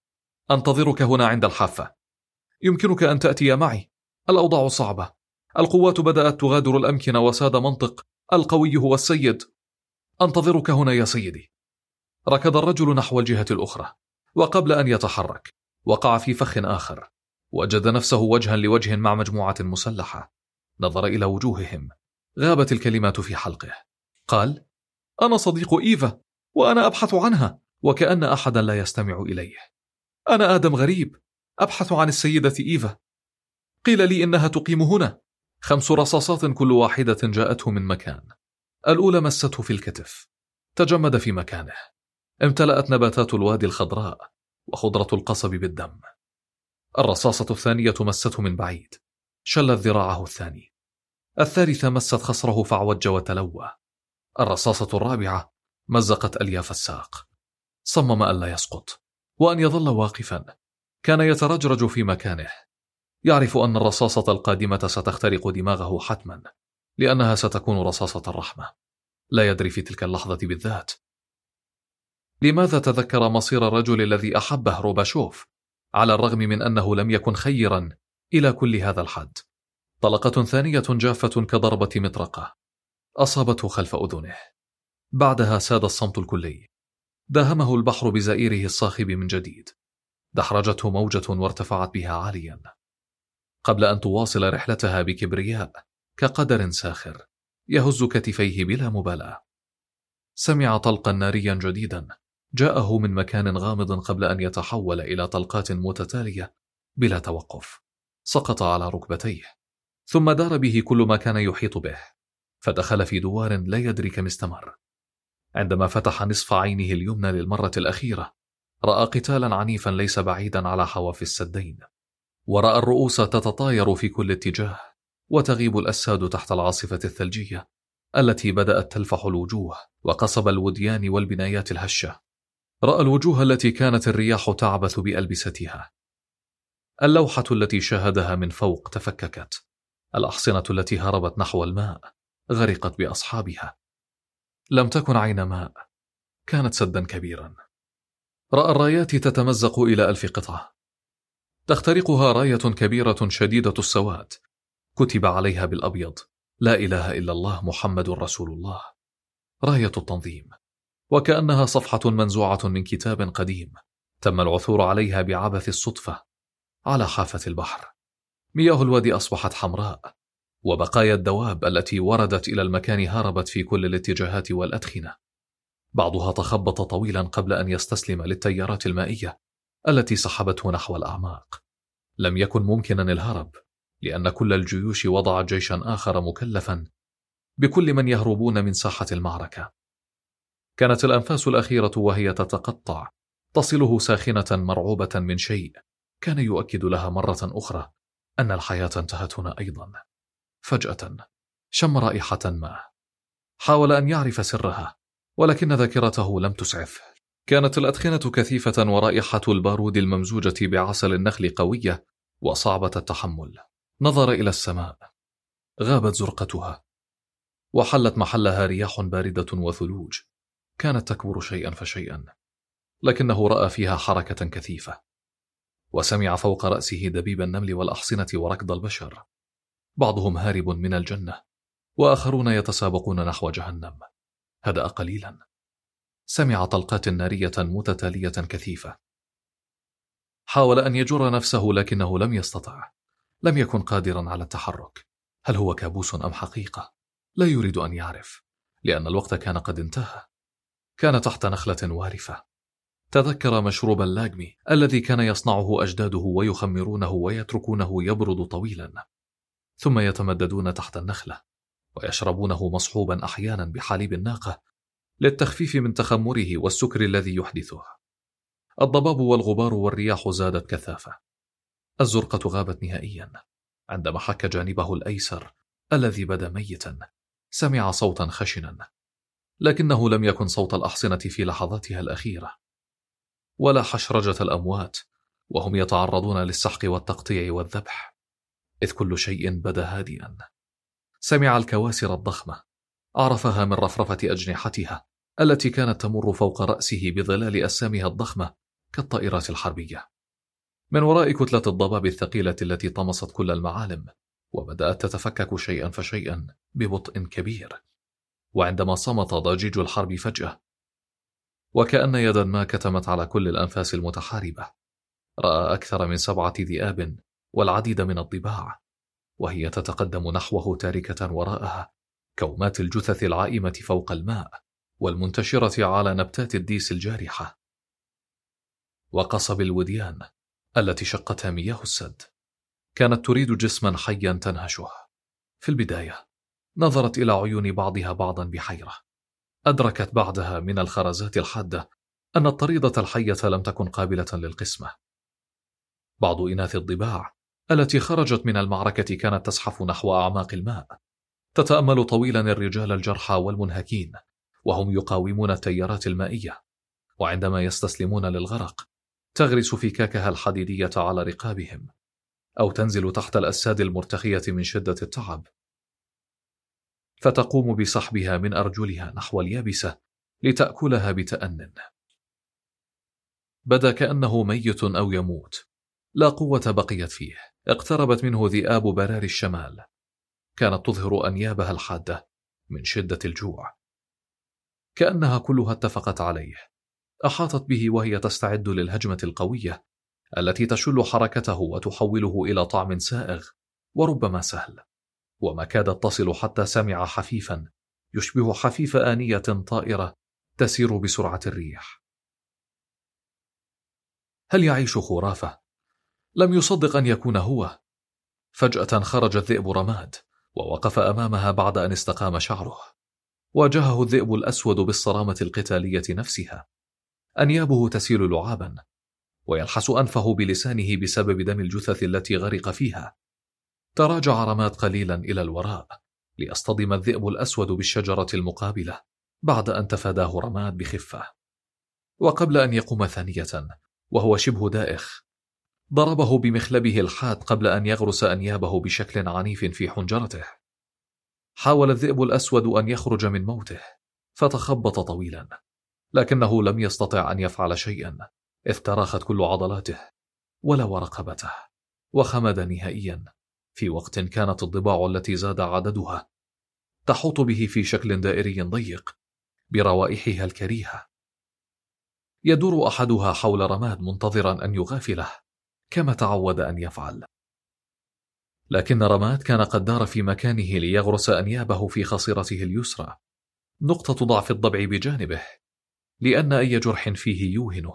أنتظرك هنا عند الحافة. يمكنك أن تأتي معي. الأوضاع صعبة. القوات بدأت تغادر الأمكنة وساد منطق القوي هو السيد. أنتظرك هنا يا سيدي. ركض الرجل نحو الجهة الأخرى، وقبل أن يتحرك وقع في فخ آخر. وجد نفسه وجها لوجه مع مجموعة مسلحة. نظر إلى وجوههم، غابت الكلمات في حلقه. قال: أنا صديق إيفا، وأنا أبحث عنها. وكأن أحدا لا يستمع إليه. أنا آدم غريب، أبحث عن السيدة إيفا. قيل لي إنها تقيم هنا. خمس رصاصات كل واحدة جاءته من مكان. الأولى مسته في الكتف، تجمد في مكانه. امتلأت نباتات الوادي الخضراء وخضرة القصب بالدم. الرصاصة الثانية مسته من بعيد، شلت ذراعه الثاني. الثالثة مست خصره فعوج وتلوى. الرصاصة الرابعة مزقت ألياف الساق. صمم ألا يسقط وأن يظل واقفا. كان يترجرج في مكانه، يعرف أن الرصاصة القادمة ستخترق دماغه حتما، لأنها ستكون رصاصة الرحمة. لا يدري في تلك اللحظة بالذات لماذا تذكر مصير الرجل الذي أحبه روباشوف على الرغم من أنه لم يكن خيرا إلى كل هذا الحد؟ طلقة ثانية جافة كضربة مطرقة أصابته خلف أذنه. بعدها ساد الصمت الكلي. داهمه البحر بزئيره الصاخب من جديد. دحرجته موجة وارتفعت بها عاليا قبل أن تواصل رحلتها بكبرياء كقدر ساخر يهز كتفيه بلا مبالاة. سمع طلقا ناريا جديدا جاءه من مكان غامض قبل أن يتحول إلى طلقات متتالية بلا توقف. سقط على ركبتيه ثم دار به كل ما كان يحيط به، فدخل في دوار لا يدري كم استمر. عندما فتح نصف عينه اليمنى للمرة الأخيرة رأى قتالا عنيفا ليس بعيدا على حواف السدين، ورأى الرؤوس تتطاير في كل اتجاه وتغيب الأساد تحت العاصفة الثلجية التي بدأت تلفح الوجوه وقصب الوديان والبنايات الهشة. رأى الوجوه التي كانت الرياح تعبث بألبستها. اللوحة التي شاهدها من فوق تفككت. الأحصنة التي هربت نحو الماء غرقت بأصحابها. لم تكن عين ماء، كانت سدا كبيرا. رأى الرايات تتمزق إلى ألف قطعة، تخترقها راية كبيرة شديدة السواد كتب عليها بالأبيض: لا إله إلا الله محمد رسول الله. راية التنظيم، وكأنها صفحة منزوعة من كتاب قديم تم العثور عليها بعبث الصدفة على حافة البحر. مياه الوادي أصبحت حمراء، وبقايا الدواب التي وردت إلى المكان هربت في كل الاتجاهات والأدخنة. بعضها تخبط طويلا قبل أن يستسلم للتيارات المائية التي سحبته نحو الأعماق. لم يكن ممكنا الهرب، لأن كل الجيوش وضعت جيشا آخر مكلفا بكل من يهربون من ساحة المعركة. كانت الأنفاس الأخيرة وهي تتقطع تصله ساخنة مرعوبة من شيء كان يؤكد لها مرة أخرى أن الحياة انتهت هنا أيضا. فجأة شم رائحة ما. حاول أن يعرف سرها، ولكن ذاكرته لم تسعفه. كانت الأدخنة كثيفة ورائحة البارود الممزوجة بعسل النخل قوية وصعبة التحمل. نظر إلى السماء، غابت زرقتها وحلت محلها رياح باردة وثلوج كانت تكبر شيئا فشيئا، لكنه رأى فيها حركة كثيفة، وسمع فوق رأسه دبيب النمل والأحصنة وركض البشر، بعضهم هارب من الجنة وآخرون يتسابقون نحو جهنم. هدأ قليلا، سمع طلقات نارية متتالية كثيفة. حاول أن يجر نفسه لكنه لم يستطع، لم يكن قادرا على التحرك. هل هو كابوس أم حقيقة؟ لا يريد أن يعرف، لأن الوقت كان قد انتهى. كان تحت نخلة وارفة. تذكر مشروب اللاجمي الذي كان يصنعه أجداده ويخمرونه ويتركونه يبرد طويلا، ثم يتمددون تحت النخلة ويشربونه مصحوبا أحيانا بحليب الناقة للتخفيف من تخمره والسكر الذي يحدثه. الضباب والغبار والرياح زادت كثافة. الزرقة غابت نهائيا. عندما حك جانبه الأيسر الذي بدا ميتا سمع صوتا خشنا، لكنه لم يكن صوت الأحصنة في لحظاتها الأخيرة، ولا حشرجة الأموات وهم يتعرضون للسحق والتقطيع والذبح، إذ كل شيء بدا هادئا. سمع الكواسر الضخمة، عرفها من رفرفة أجنحتها التي كانت تمر فوق رأسه بظلال أسامها الضخمة كالطائرات الحربية. من وراء كتلة الضباب الثقيلة التي طمست كل المعالم، وبدأت تتفكك شيئا فشيئا ببطء كبير. وعندما صمت ضجيج الحرب فجأة، وكأن يدا ما كتمت على كل الأنفاس المتحاربة، رأى أكثر من سبعة ذئاب والعديد من الضباع، وهي تتقدم نحوه تاركة وراءها كومات الجثث العائمة فوق الماء والمنتشرة على نبتات الديس الجارحة وقصب الوديان التي شقتها مياه السد. كانت تريد جسما حيا تنهشه. في البداية نظرت إلى عيون بعضها بعضا بحيرة. أدركت بعدها من الخرزات الحادة أن الطريدة الحية لم تكن قابلة للقسمة. بعض إناث الضباع التي خرجت من المعركة كانت تزحف نحو أعماق الماء، تتأمل طويلا الرجال الجرحى والمنهكين وهم يقاومون التيارات المائية، وعندما يستسلمون للغرق تغرس فكاكها الحديدية على رقابهم أو تنزل تحت الأساد المرتخية من شدة التعب، فتقوم بسحبها من أرجلها نحو اليابسة لتأكلها بتأنٍ. بدا كأنه ميت أو يموت، لا قوة بقيت فيه. اقتربت منه ذئاب براري الشمال، كانت تظهر أنيابها الحادة من شدة الجوع، كأنها كلها اتفقت عليه. أحاطت به وهي تستعد للهجمة القوية التي تشل حركته وتحوله إلى طعم سائغ وربما سهل. وما كادت تصل حتى سمع حفيفا يشبه حفيف آنية طائرة تسير بسرعة الريح. هل يعيش خرافة؟ لم يصدق أن يكون هو. فجأة خرج الذئب رماد ووقف أمامها بعد أن استقام شعره. واجهه الذئب الأسود بالصرامة القتالية نفسها، أنيابه تسيل لعابا ويلحس أنفه بلسانه بسبب دم الجثث التي غرق فيها. تراجع رماد قليلا إلى الوراء ليصطدم الذئب الأسود بالشجرة المقابلة بعد أن تفاداه رماد بخفة. وقبل أن يقوم ثانية وهو شبه دائخ، ضربه بمخلبه الحاد قبل أن يغرس أنيابه بشكل عنيف في حنجرته. حاول الذئب الأسود أن يخرج من موته فتخبط طويلا، لكنه لم يستطع أن يفعل شيئا إذ تراخت كل عضلاته ولو رقبته وخمد نهائيا، في وقت كانت الضباع التي زاد عددها تحوط به في شكل دائري ضيق بروائحها الكريهة. يدور أحدها حول رماد منتظرا أن يغافله كما تعود أن يفعل، لكن رماد كان قد دار في مكانه ليغرس أنيابه في خصرته اليسرى، نقطة ضعف الضبع بجانبه، لأن أي جرح فيه يوهنه.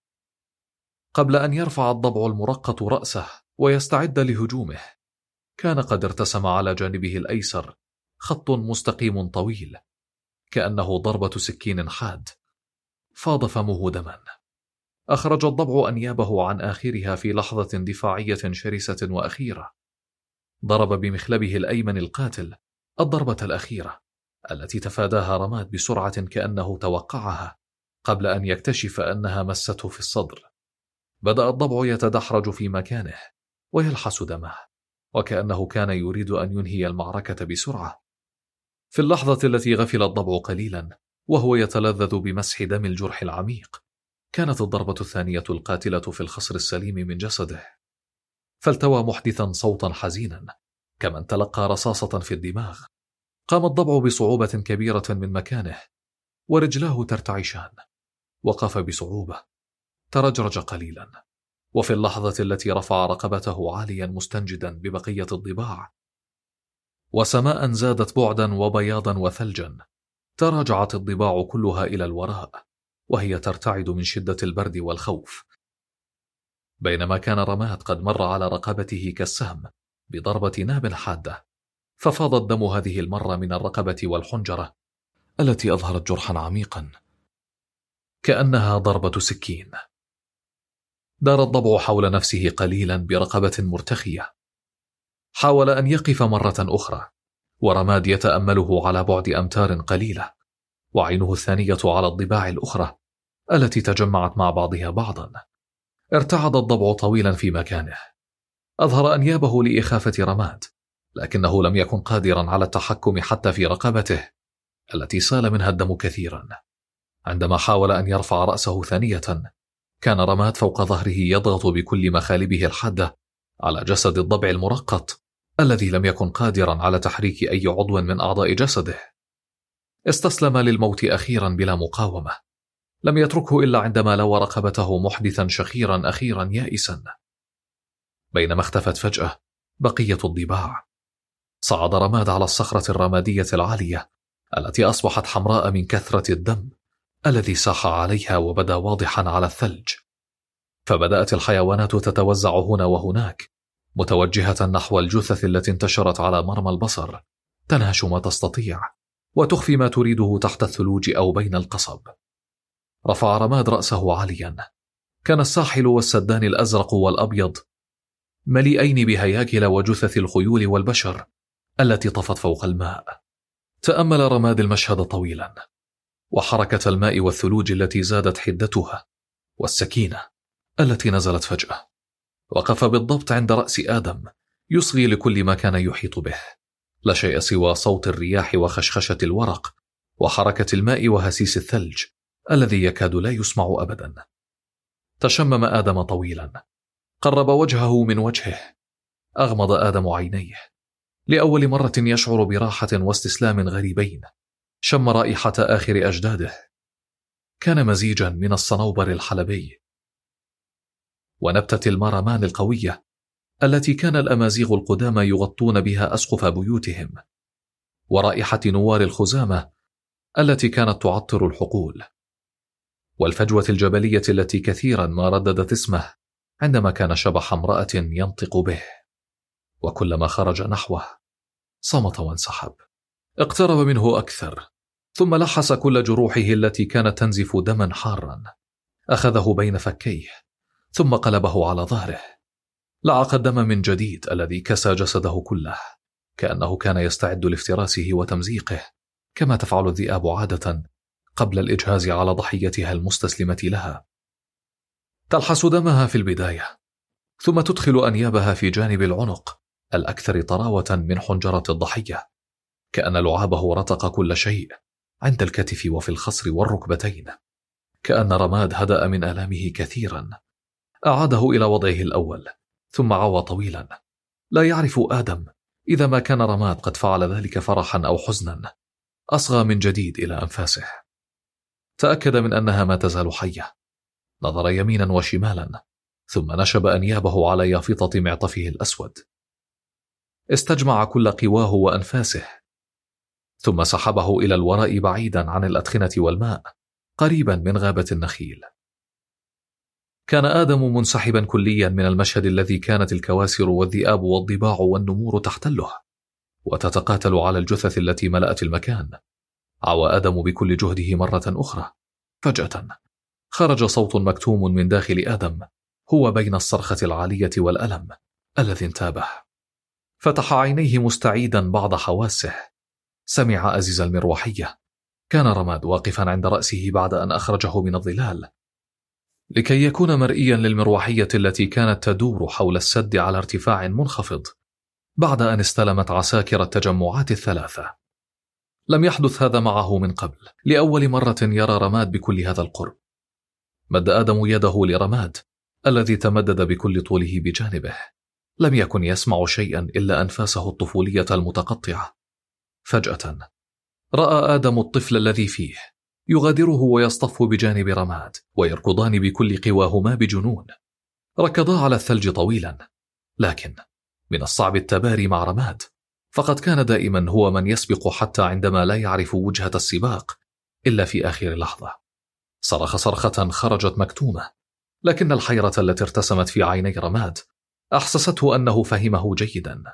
قبل أن يرفع الضبع المرقط رأسه ويستعد لهجومه، كان قد ارتسم على جانبه الأيسر خط مستقيم طويل كأنه ضربة سكين حاد. فاض فمه دما. أخرج الضبع أنيابه عن آخرها في لحظة دفاعية شرسة وأخيرة. ضرب بمخلبه الأيمن القاتل الضربة الأخيرة التي تفاداها رماد بسرعة كأنه توقعها قبل أن يكتشف أنها مسته في الصدر. بدأ الضبع يتدحرج في مكانه ويلحس دمه وكأنه كان يريد أن ينهي المعركة بسرعة. في اللحظة التي غفل الضبع قليلا وهو يتلذذ بمسح دم الجرح العميق، كانت الضربة الثانية القاتلة في الخصر السليم من جسده، فالتوى محدثا صوتا حزينا كمن تلقى رصاصة في الدماغ. قام الضبع بصعوبة كبيرة من مكانه ورجلاه ترتعشان. وقف بصعوبة، ترجرج قليلا، وفي اللحظة التي رفع رقبته عاليا مستنجدا ببقية الضباع وسماء زادت بعدا وبياضا وثلجا، تراجعت الضباع كلها إلى الوراء وهي ترتعد من شدة البرد والخوف، بينما كان رماد قد مر على رقبته كالسهم بضربة ناب حادة، ففاض الدم هذه المرة من الرقبة والحنجرة التي أظهرت جرحا عميقا كأنها ضربة سكين. دار الضبع حول نفسه قليلا برقبة مرتخية. حاول أن يقف مرة أخرى ورماد يتأمله على بعد أمتار قليلة، وعينه الثانية على الضباع الأخرى التي تجمعت مع بعضها بعضا. ارتعد الضبع طويلا في مكانه، أظهر أنيابه لإخافة رماد، لكنه لم يكن قادرا على التحكم حتى في رقبته التي سال منها الدم كثيرا. عندما حاول أن يرفع رأسه ثانية، كان رماد فوق ظهره يضغط بكل مخالبه الحادة على جسد الضبع المرقط الذي لم يكن قادرا على تحريك أي عضو من أعضاء جسده. استسلم للموت أخيرا بلا مقاومة، لم يتركه إلا عندما لوى رقبته محدثا شخيرا أخيرا يائسا. بينما اختفت فجأة بقية الضباع، صعد رماد على الصخرة الرمادية العالية التي أصبحت حمراء من كثرة الدم الذي ساح عليها وبدا واضحا على الثلج. فبدأت الحيوانات تتوزع هنا وهناك متوجهة نحو الجثث التي انتشرت على مرمى البصر، تنهش ما تستطيع وتخفي ما تريده تحت الثلوج أو بين القصب. رفع رماد رأسه عاليا. كان الساحل والسدان الأزرق والأبيض مليئين بهياكل وجثث الخيول والبشر التي طفت فوق الماء. تأمل رماد المشهد طويلا، وحركة الماء والثلوج التي زادت حدتها، والسكينة التي نزلت فجأة. وقف بالضبط عند رأس آدم، يصغي لكل ما كان يحيط به، لا شيء سوى صوت الرياح وخشخشة الورق وحركة الماء وهسيس الثلج الذي يكاد لا يسمع أبدا. تشمم آدم طويلا، قرب وجهه من وجهه، أغمض آدم عينيه. لأول مرة يشعر براحة واستسلام غريبين. شم رائحة آخر أجداده، كان مزيجا من الصنوبر الحلبي ونبتة المارمان القوية التي كان الأمازيغ القدامى يغطون بها أسقف بيوتهم، ورائحة نوار الخزامة التي كانت تعطر الحقول، والفجوة الجبلية التي كثيرا ما رددت اسمه عندما كان شبح امرأة ينطق به. وكلما خرج نحوه صمت وانسحب. اقترب منه أكثر، ثم لحس كل جروحه التي كانت تنزف دما حارا. أخذه بين فكيه ثم قلبه على ظهره، لعق الدم من جديد الذي كسى جسده كله، كأنه كان يستعد لافتراسه وتمزيقه كما تفعل الذئاب عادة قبل الإجهاز على ضحيتها المستسلمة لها. تلحس دمها في البداية، ثم تدخل أنيابها في جانب العنق الأكثر طراوة من حنجرة الضحية، كأن لعابه رتق كل شيء عند الكتف وفي الخصر والركبتين. كأن رماد هدأ من آلامه كثيرا. أعاده إلى وضعه الأول ثم عوى طويلا. لا يعرف آدم إذا ما كان رماد قد فعل ذلك فرحا أو حزنا. أصغى من جديد إلى أنفاسه، تأكد من أنها ما تزال حية. نظر يمينا وشمالا ثم نشب أنيابه على يافطة معطفه الأسود. استجمع كل قواه وأنفاسه ثم سحبه إلى الوراء بعيدا عن الأدخنة والماء، قريبا من غابة النخيل. كان آدم منسحبا كليا من المشهد الذي كانت الكواسر والذئاب والضباع والنمور تحتله وتتقاتل على الجثث التي ملأت المكان. عوى آدم بكل جهده مرة أخرى. فجأة خرج صوت مكتوم من داخل آدم، هو بين الصرخة العالية والألم الذي انتابه. فتح عينيه مستعيدا بعض حواسه. سمع أزيز المروحية. كان رماد واقفا عند رأسه بعد أن أخرجه من الظلال لكي يكون مرئيا للمروحية التي كانت تدور حول السد على ارتفاع منخفض بعد أن استلمت عساكر التجمعات الثلاثة. لم يحدث هذا معه من قبل. لأول مرة يرى رماد بكل هذا القرب. مد آدم يده لرماد الذي تمدد بكل طوله بجانبه. لم يكن يسمع شيئا إلا أنفاسه الطفولية المتقطعة. فجأة رأى آدم الطفل الذي فيه يغادره ويصطف بجانب رماد ويركضان بكل قواهما بجنون. ركضا على الثلج طويلا، لكن من الصعب التباري مع رماد، فقد كان دائما هو من يسبق حتى عندما لا يعرف وجهة السباق إلا في آخر لحظة. صرخ صرخة خرجت مكتومة، لكن الحيرة التي ارتسمت في عيني رماد أحسسته أنه فهمه جيدا.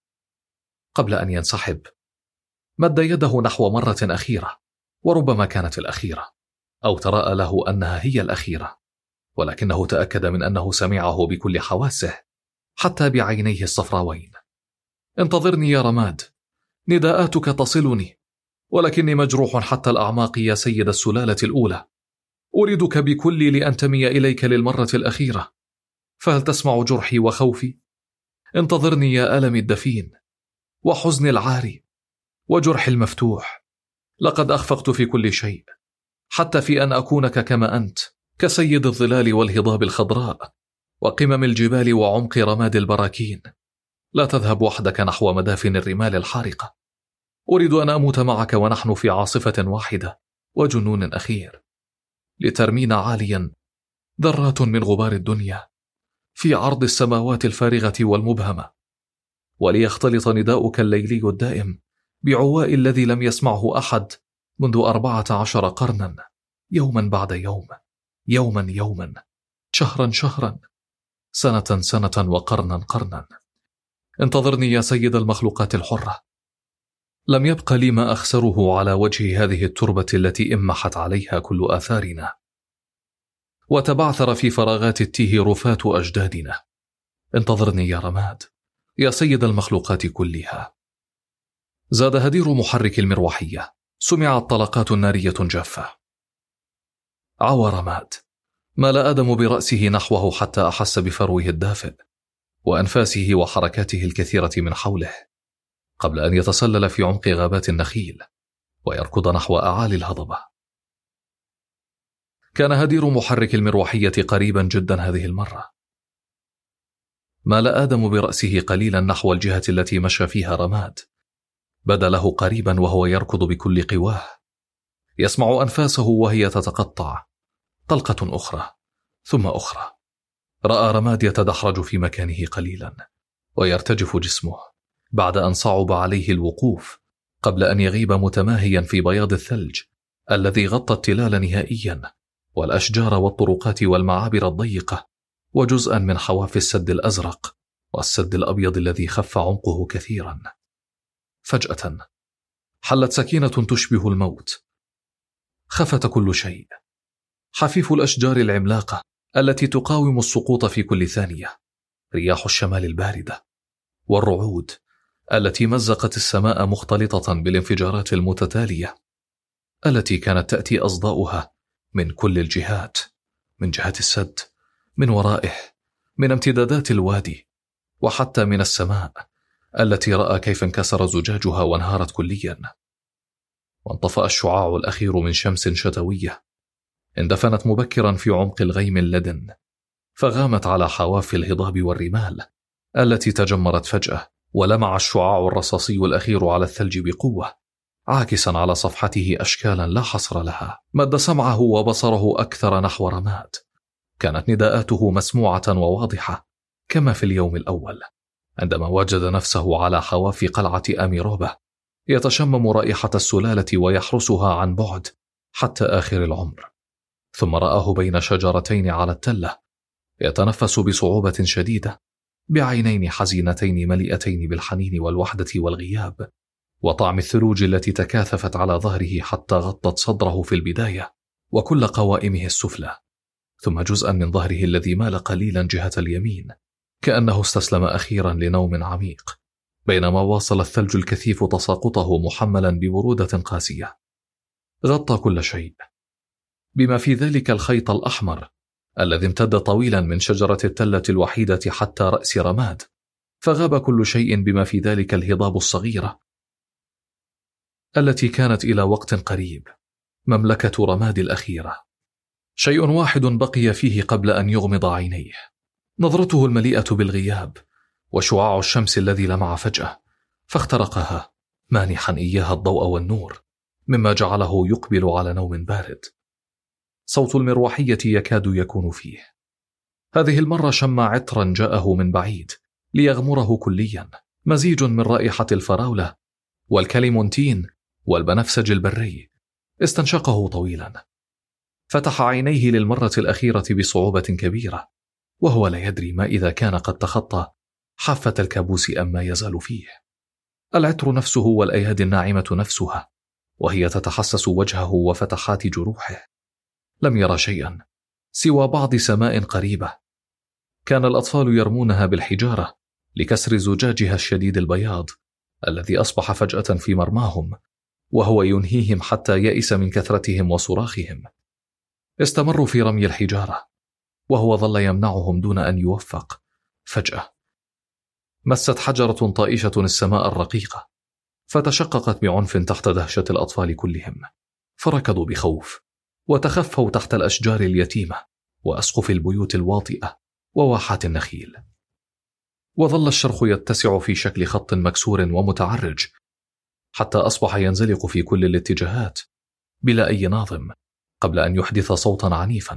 قبل أن ينسحب مد يده نحو مرة أخيرة، وربما كانت الأخيرة، أو تراءى له أنها هي الأخيرة، ولكنه تأكد من أنه سمعه بكل حواسه حتى بعينيه الصفراوين. انتظرني يا رماد، نداءاتك تصلني، ولكني مجروح حتى الأعماق يا سيد السلالة الأولى. أريدك بكلي لأنتمي إليك للمرة الأخيرة، فهل تسمع جرحي وخوفي؟ انتظرني يا ألمي الدفين وحزني العاري وجرحي المفتوح. لقد أخفقت في كل شيء، حتى في أن أكونك كما أنت، كسيد الظلال والهضاب الخضراء وقمم الجبال وعمق رماد البراكين. لا تذهب وحدك نحو مدافن الرمال الحارقة. أريد أن أموت معك ونحن في عاصفة واحدة وجنون أخير، لترمينا عاليا ذرات من غبار الدنيا في عرض السماوات الفارغة والمبهمة، وليختلط نداؤك الليلي الدائم بعواء الذي لم يسمعه أحد منذ أربعة عشر قرنا، يوما بعد يوم، يوما يوما، شهرا شهرا، سنة سنة، وقرنا قرنا. انتظرني يا سيد المخلوقات الحرة. لم يبق لي ما أخسره على وجه هذه التربة التي امحت عليها كل آثارنا، وتبعثر في فراغات التيه رفات أجدادنا. انتظرني يا رماد، يا سيد المخلوقات كلها. زاد هدير محرك المروحية. سمعت طلقات نارية جافة. عوى رماد. مال آدم برأسه نحوه حتى أحس بفروه الدافئ وأنفاسه وحركاته الكثيرة من حوله، قبل أن يتسلل في عمق غابات النخيل ويركض نحو أعالي الهضبة. كان هدير محرك المروحية قريبا جدا هذه المرة. مال آدم برأسه قليلا نحو الجهة التي مشى فيها رماد. بدا له قريبا وهو يركض بكل قواه، يسمع أنفاسه وهي تتقطع، طلقة أخرى ثم أخرى. رأى رماد يتدحرج في مكانه قليلا ويرتجف جسمه بعد أن صعب عليه الوقوف قبل أن يغيب متماهيا في بياض الثلج الذي غطى التلال نهائيا، والأشجار والطرقات والمعابر الضيقة، وجزءا من حواف السد الأزرق والسد الأبيض الذي خف عمقه كثيرا. فجأة حلت سكينة تشبه الموت. خفت كل شيء، حفيف الأشجار العملاقة التي تقاوم السقوط في كل ثانية، رياح الشمال الباردة، والرعود التي مزقت السماء مختلطة بالانفجارات المتتالية التي كانت تأتي أصداؤها من كل الجهات، من جهة السد، من ورائه، من امتدادات الوادي، وحتى من السماء التي رأى كيف انكسر زجاجها وانهارت كليا. وانطفأ الشعاع الأخير من شمس شتوية اندفنت مبكرا في عمق الغيم اللدن، فغامت على حواف الهضاب والرمال التي تجمرت فجأة، ولمع الشعاع الرصاصي الأخير على الثلج بقوة، عاكسا على صفحته أشكالا لا حصر لها. مد سمعه وبصره أكثر نحو رماد. كانت نداءاته مسموعة وواضحة كما في اليوم الأول، عندما وجد نفسه على حواف قلعة أميروبة يتشمم رائحة السلالة ويحرسها عن بعد حتى آخر العمر. ثم رآه بين شجرتين على التلة يتنفس بصعوبة شديدة، بعينين حزينتين مليئتين بالحنين والوحدة والغياب، وطعم الثلوج التي تكاثفت على ظهره حتى غطت صدره في البداية وكل قوائمه السفلى، ثم جزءا من ظهره الذي مال قليلا جهة اليمين، كأنه استسلم أخيرا لنوم عميق، بينما واصل الثلج الكثيف تساقطه محملا ببرودة قاسية. غطى كل شيء، بما في ذلك الخيط الأحمر الذي امتد طويلا من شجرة التلة الوحيدة حتى رأس رماد، فغاب كل شيء بما في ذلك الهضاب الصغيرة التي كانت إلى وقت قريب مملكة رماد الأخيرة. شيء واحد بقي فيه قبل أن يغمض عينيه، نظرته المليئة بالغياب وشعاع الشمس الذي لمع فجأة فاخترقها، مانحا إياها الضوء والنور، مما جعله يقبل على نوم بارد. صوت المروحية يكاد يكون فيه. هذه المرة شم عطرا جاءه من بعيد ليغمره كليا، مزيج من رائحة الفراولة والكليمونتين والبنفسج البري. استنشقه طويلا، فتح عينيه للمرة الأخيرة بصعوبة كبيرة، وهو لا يدري ما إذا كان قد تخطى حافة الكابوس أم ما يزال فيه. العطر نفسه والأيادي الناعمة نفسها وهي تتحسس وجهه وفتحات جروحه. لم يرى شيئا سوى بعض سماء قريبة كان الأطفال يرمونها بالحجارة لكسر زجاجها الشديد البياض الذي أصبح فجأة في مرماهم، وهو ينهيهم حتى يئس من كثرتهم وصراخهم. استمروا في رمي الحجارة وهو ظل يمنعهم دون أن يوفق. فجأة مست حجرة طائشة السماء الرقيقة فتشققت بعنف تحت دهشة الأطفال كلهم، فركضوا بخوف وتخفوا تحت الأشجار اليتيمة وأسقف البيوت الواطئة وواحات النخيل. وظل الشرخ يتسع في شكل خط مكسور ومتعرج حتى أصبح ينزلق في كل الاتجاهات بلا أي ناظم، قبل أن يحدث صوتا عنيفا.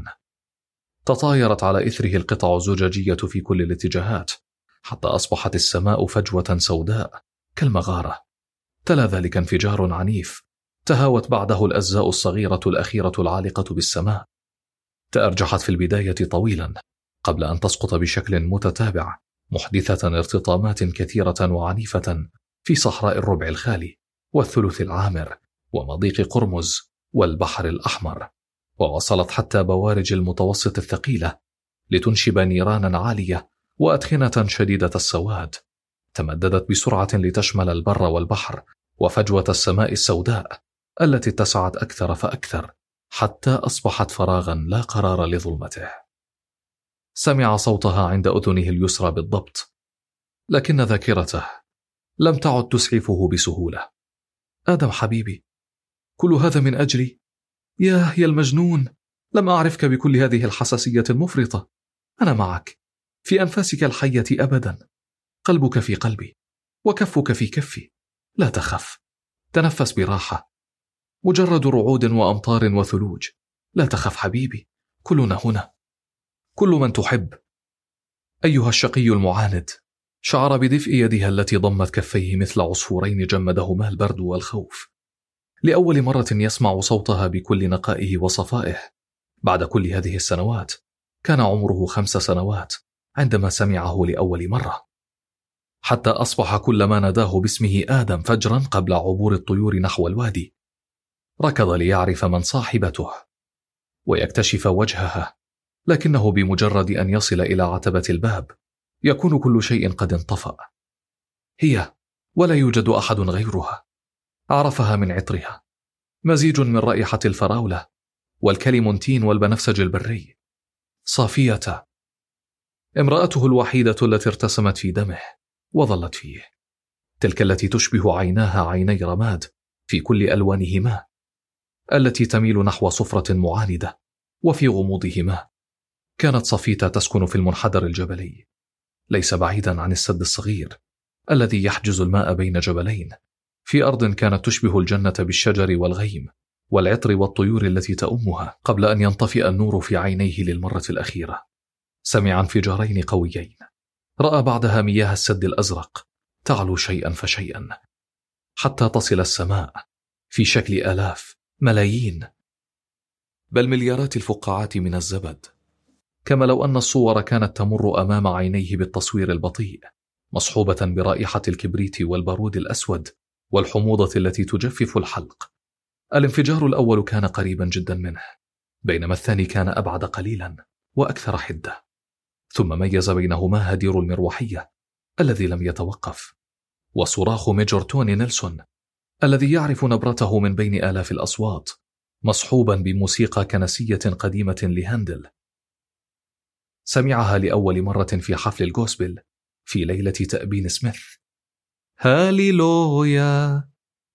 تطايرت على إثره القطع الزجاجية في كل الاتجاهات حتى أصبحت السماء فجوة سوداء كالمغارة. تلا ذلك انفجار عنيف تهاوت بعده الأجزاء الصغيرة الأخيرة العالقة بالسماء. تأرجحت في البداية طويلا قبل أن تسقط بشكل متتابع، محدثة ارتطامات كثيرة وعنيفة في صحراء الربع الخالي والثلث العامر ومضيق قرمز والبحر الأحمر، ووصلت حتى بوارج المتوسط الثقيلة لتنشب نيرانا عالية وأدخنة شديدة السواد تمددت بسرعة لتشمل البر والبحر وفجوة السماء السوداء التي اتسعت أكثر فأكثر حتى أصبحت فراغا لا قرار لظلمته. سمع صوتها عند أذنه اليسرى بالضبط، لكن ذاكرته لم تعد تسعفه بسهولة. آدم حبيبي، كل هذا من أجلي؟ ياه يا المجنون، لم أعرفك بكل هذه الحساسية المفرطة. أنا معك، في أنفاسك الحية أبدا، قلبك في قلبي وكفك في كفي. لا تخف، تنفس براحة، مجرد رعود وأمطار وثلوج. لا تخف حبيبي، كلنا هنا، كل من تحب. أيها الشقي المعاند، شعر بدفء يدها التي ضمت كفيه مثل عصفورين جمدهما البرد والخوف. لأول مرة يسمع صوتها بكل نقائه وصفائه. بعد كل هذه السنوات كان عمره خمس سنوات عندما سمعه لأول مرة، حتى أصبح كلما ناداه باسمه آدم فجرا قبل عبور الطيور نحو الوادي. ركض ليعرف من صاحبته ويكتشف وجهها، لكنه بمجرد أن يصل إلى عتبة الباب يكون كل شيء قد انطفأ. هي، ولا يوجد أحد غيرها. عرفها من عطرها، مزيج من رائحة الفراولة والكليمونتين والبنفسج البري. صافية، امرأته الوحيدة التي ارتسمت في دمه وظلت فيه، تلك التي تشبه عيناها عيني رماد في كل ألوانهما، التي تميل نحو صفرة معاندة وفي غموضهما. كانت صفيتة تسكن في المنحدر الجبلي، ليس بعيدا عن السد الصغير الذي يحجز الماء بين جبلين، في أرض كانت تشبه الجنة بالشجر والغيم والعطر والطيور التي تأمها، قبل أن ينطفئ النور في عينيه للمرة الأخيرة. سمع انفجارين قويين، رأى بعدها مياه السد الأزرق تعلو شيئا فشيئا حتى تصل السماء في شكل آلاف، ملايين، بل مليارات الفقاعات من الزبد، كما لو أن الصور كانت تمر أمام عينيه بالتصوير البطيء، مصحوبة برائحة الكبريت والبارود الأسود والحموضة التي تجفف الحلق. الانفجار الأول كان قريبا جدا منه، بينما الثاني كان أبعد قليلا وأكثر حدة. ثم ميز بينهما هدير المروحية الذي لم يتوقف، وصراخ ميجور توني نيلسون الذي يعرف نبرته من بين آلاف الأصوات، مصحوبا بموسيقى كنسية قديمة لهاندل. سمعها لأول مرة في حفل الغوسبل في ليلة تأبين سميث. هاليلويا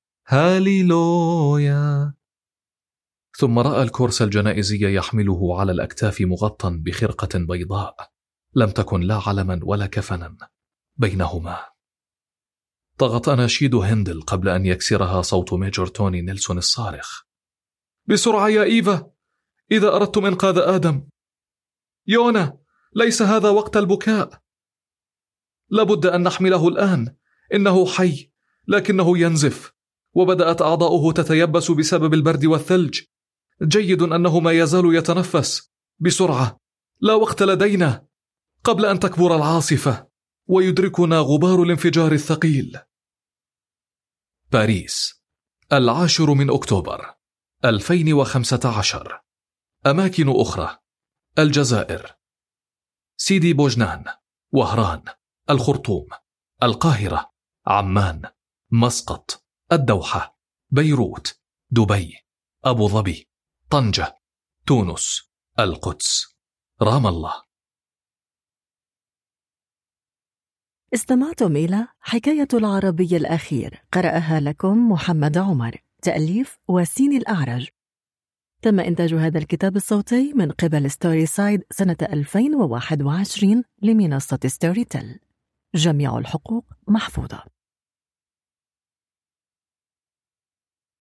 هاليلويا. ثم رأى الكورس الجنائزي يحمله على الأكتاف مغطى بخرقة بيضاء لم تكن لا علما ولا كفنا بينهما. طغت أناشيد هندل قبل أن يكسرها صوت ميجور توني نيلسون الصارخ: بسرعة يا إيفا، إذا أردتم إنقاذ آدم. يونا، ليس هذا وقت البكاء، لابد أن نحمله الآن، إنه حي لكنه ينزف، وبدأت أعضاؤه تتيبس بسبب البرد والثلج. جيد أنه ما يزال يتنفس. بسرعة، لا وقت لدينا قبل أن تكبر العاصفة ويدركنا غبار الانفجار الثقيل. باريس، العاشر من أكتوبر ألفين وخمسة عشر. أماكن أخرى: الجزائر، سيدي بوجنان، وهران، الخرطوم، القاهرة، عمان، مسقط، الدوحة، بيروت، دبي، أبو ظبي، طنجة، تونس، القدس، رام الله. استمعتم إلى حكاية العربي الأخير، قرأها لكم محمد عمر، تأليف وسين الأعرج. تم إنتاج هذا الكتاب الصوتي من قبل ستوري سايد سنة ألفين وواحد وعشرين لمنصة ستوري تيل. جميع الحقوق محفوظة.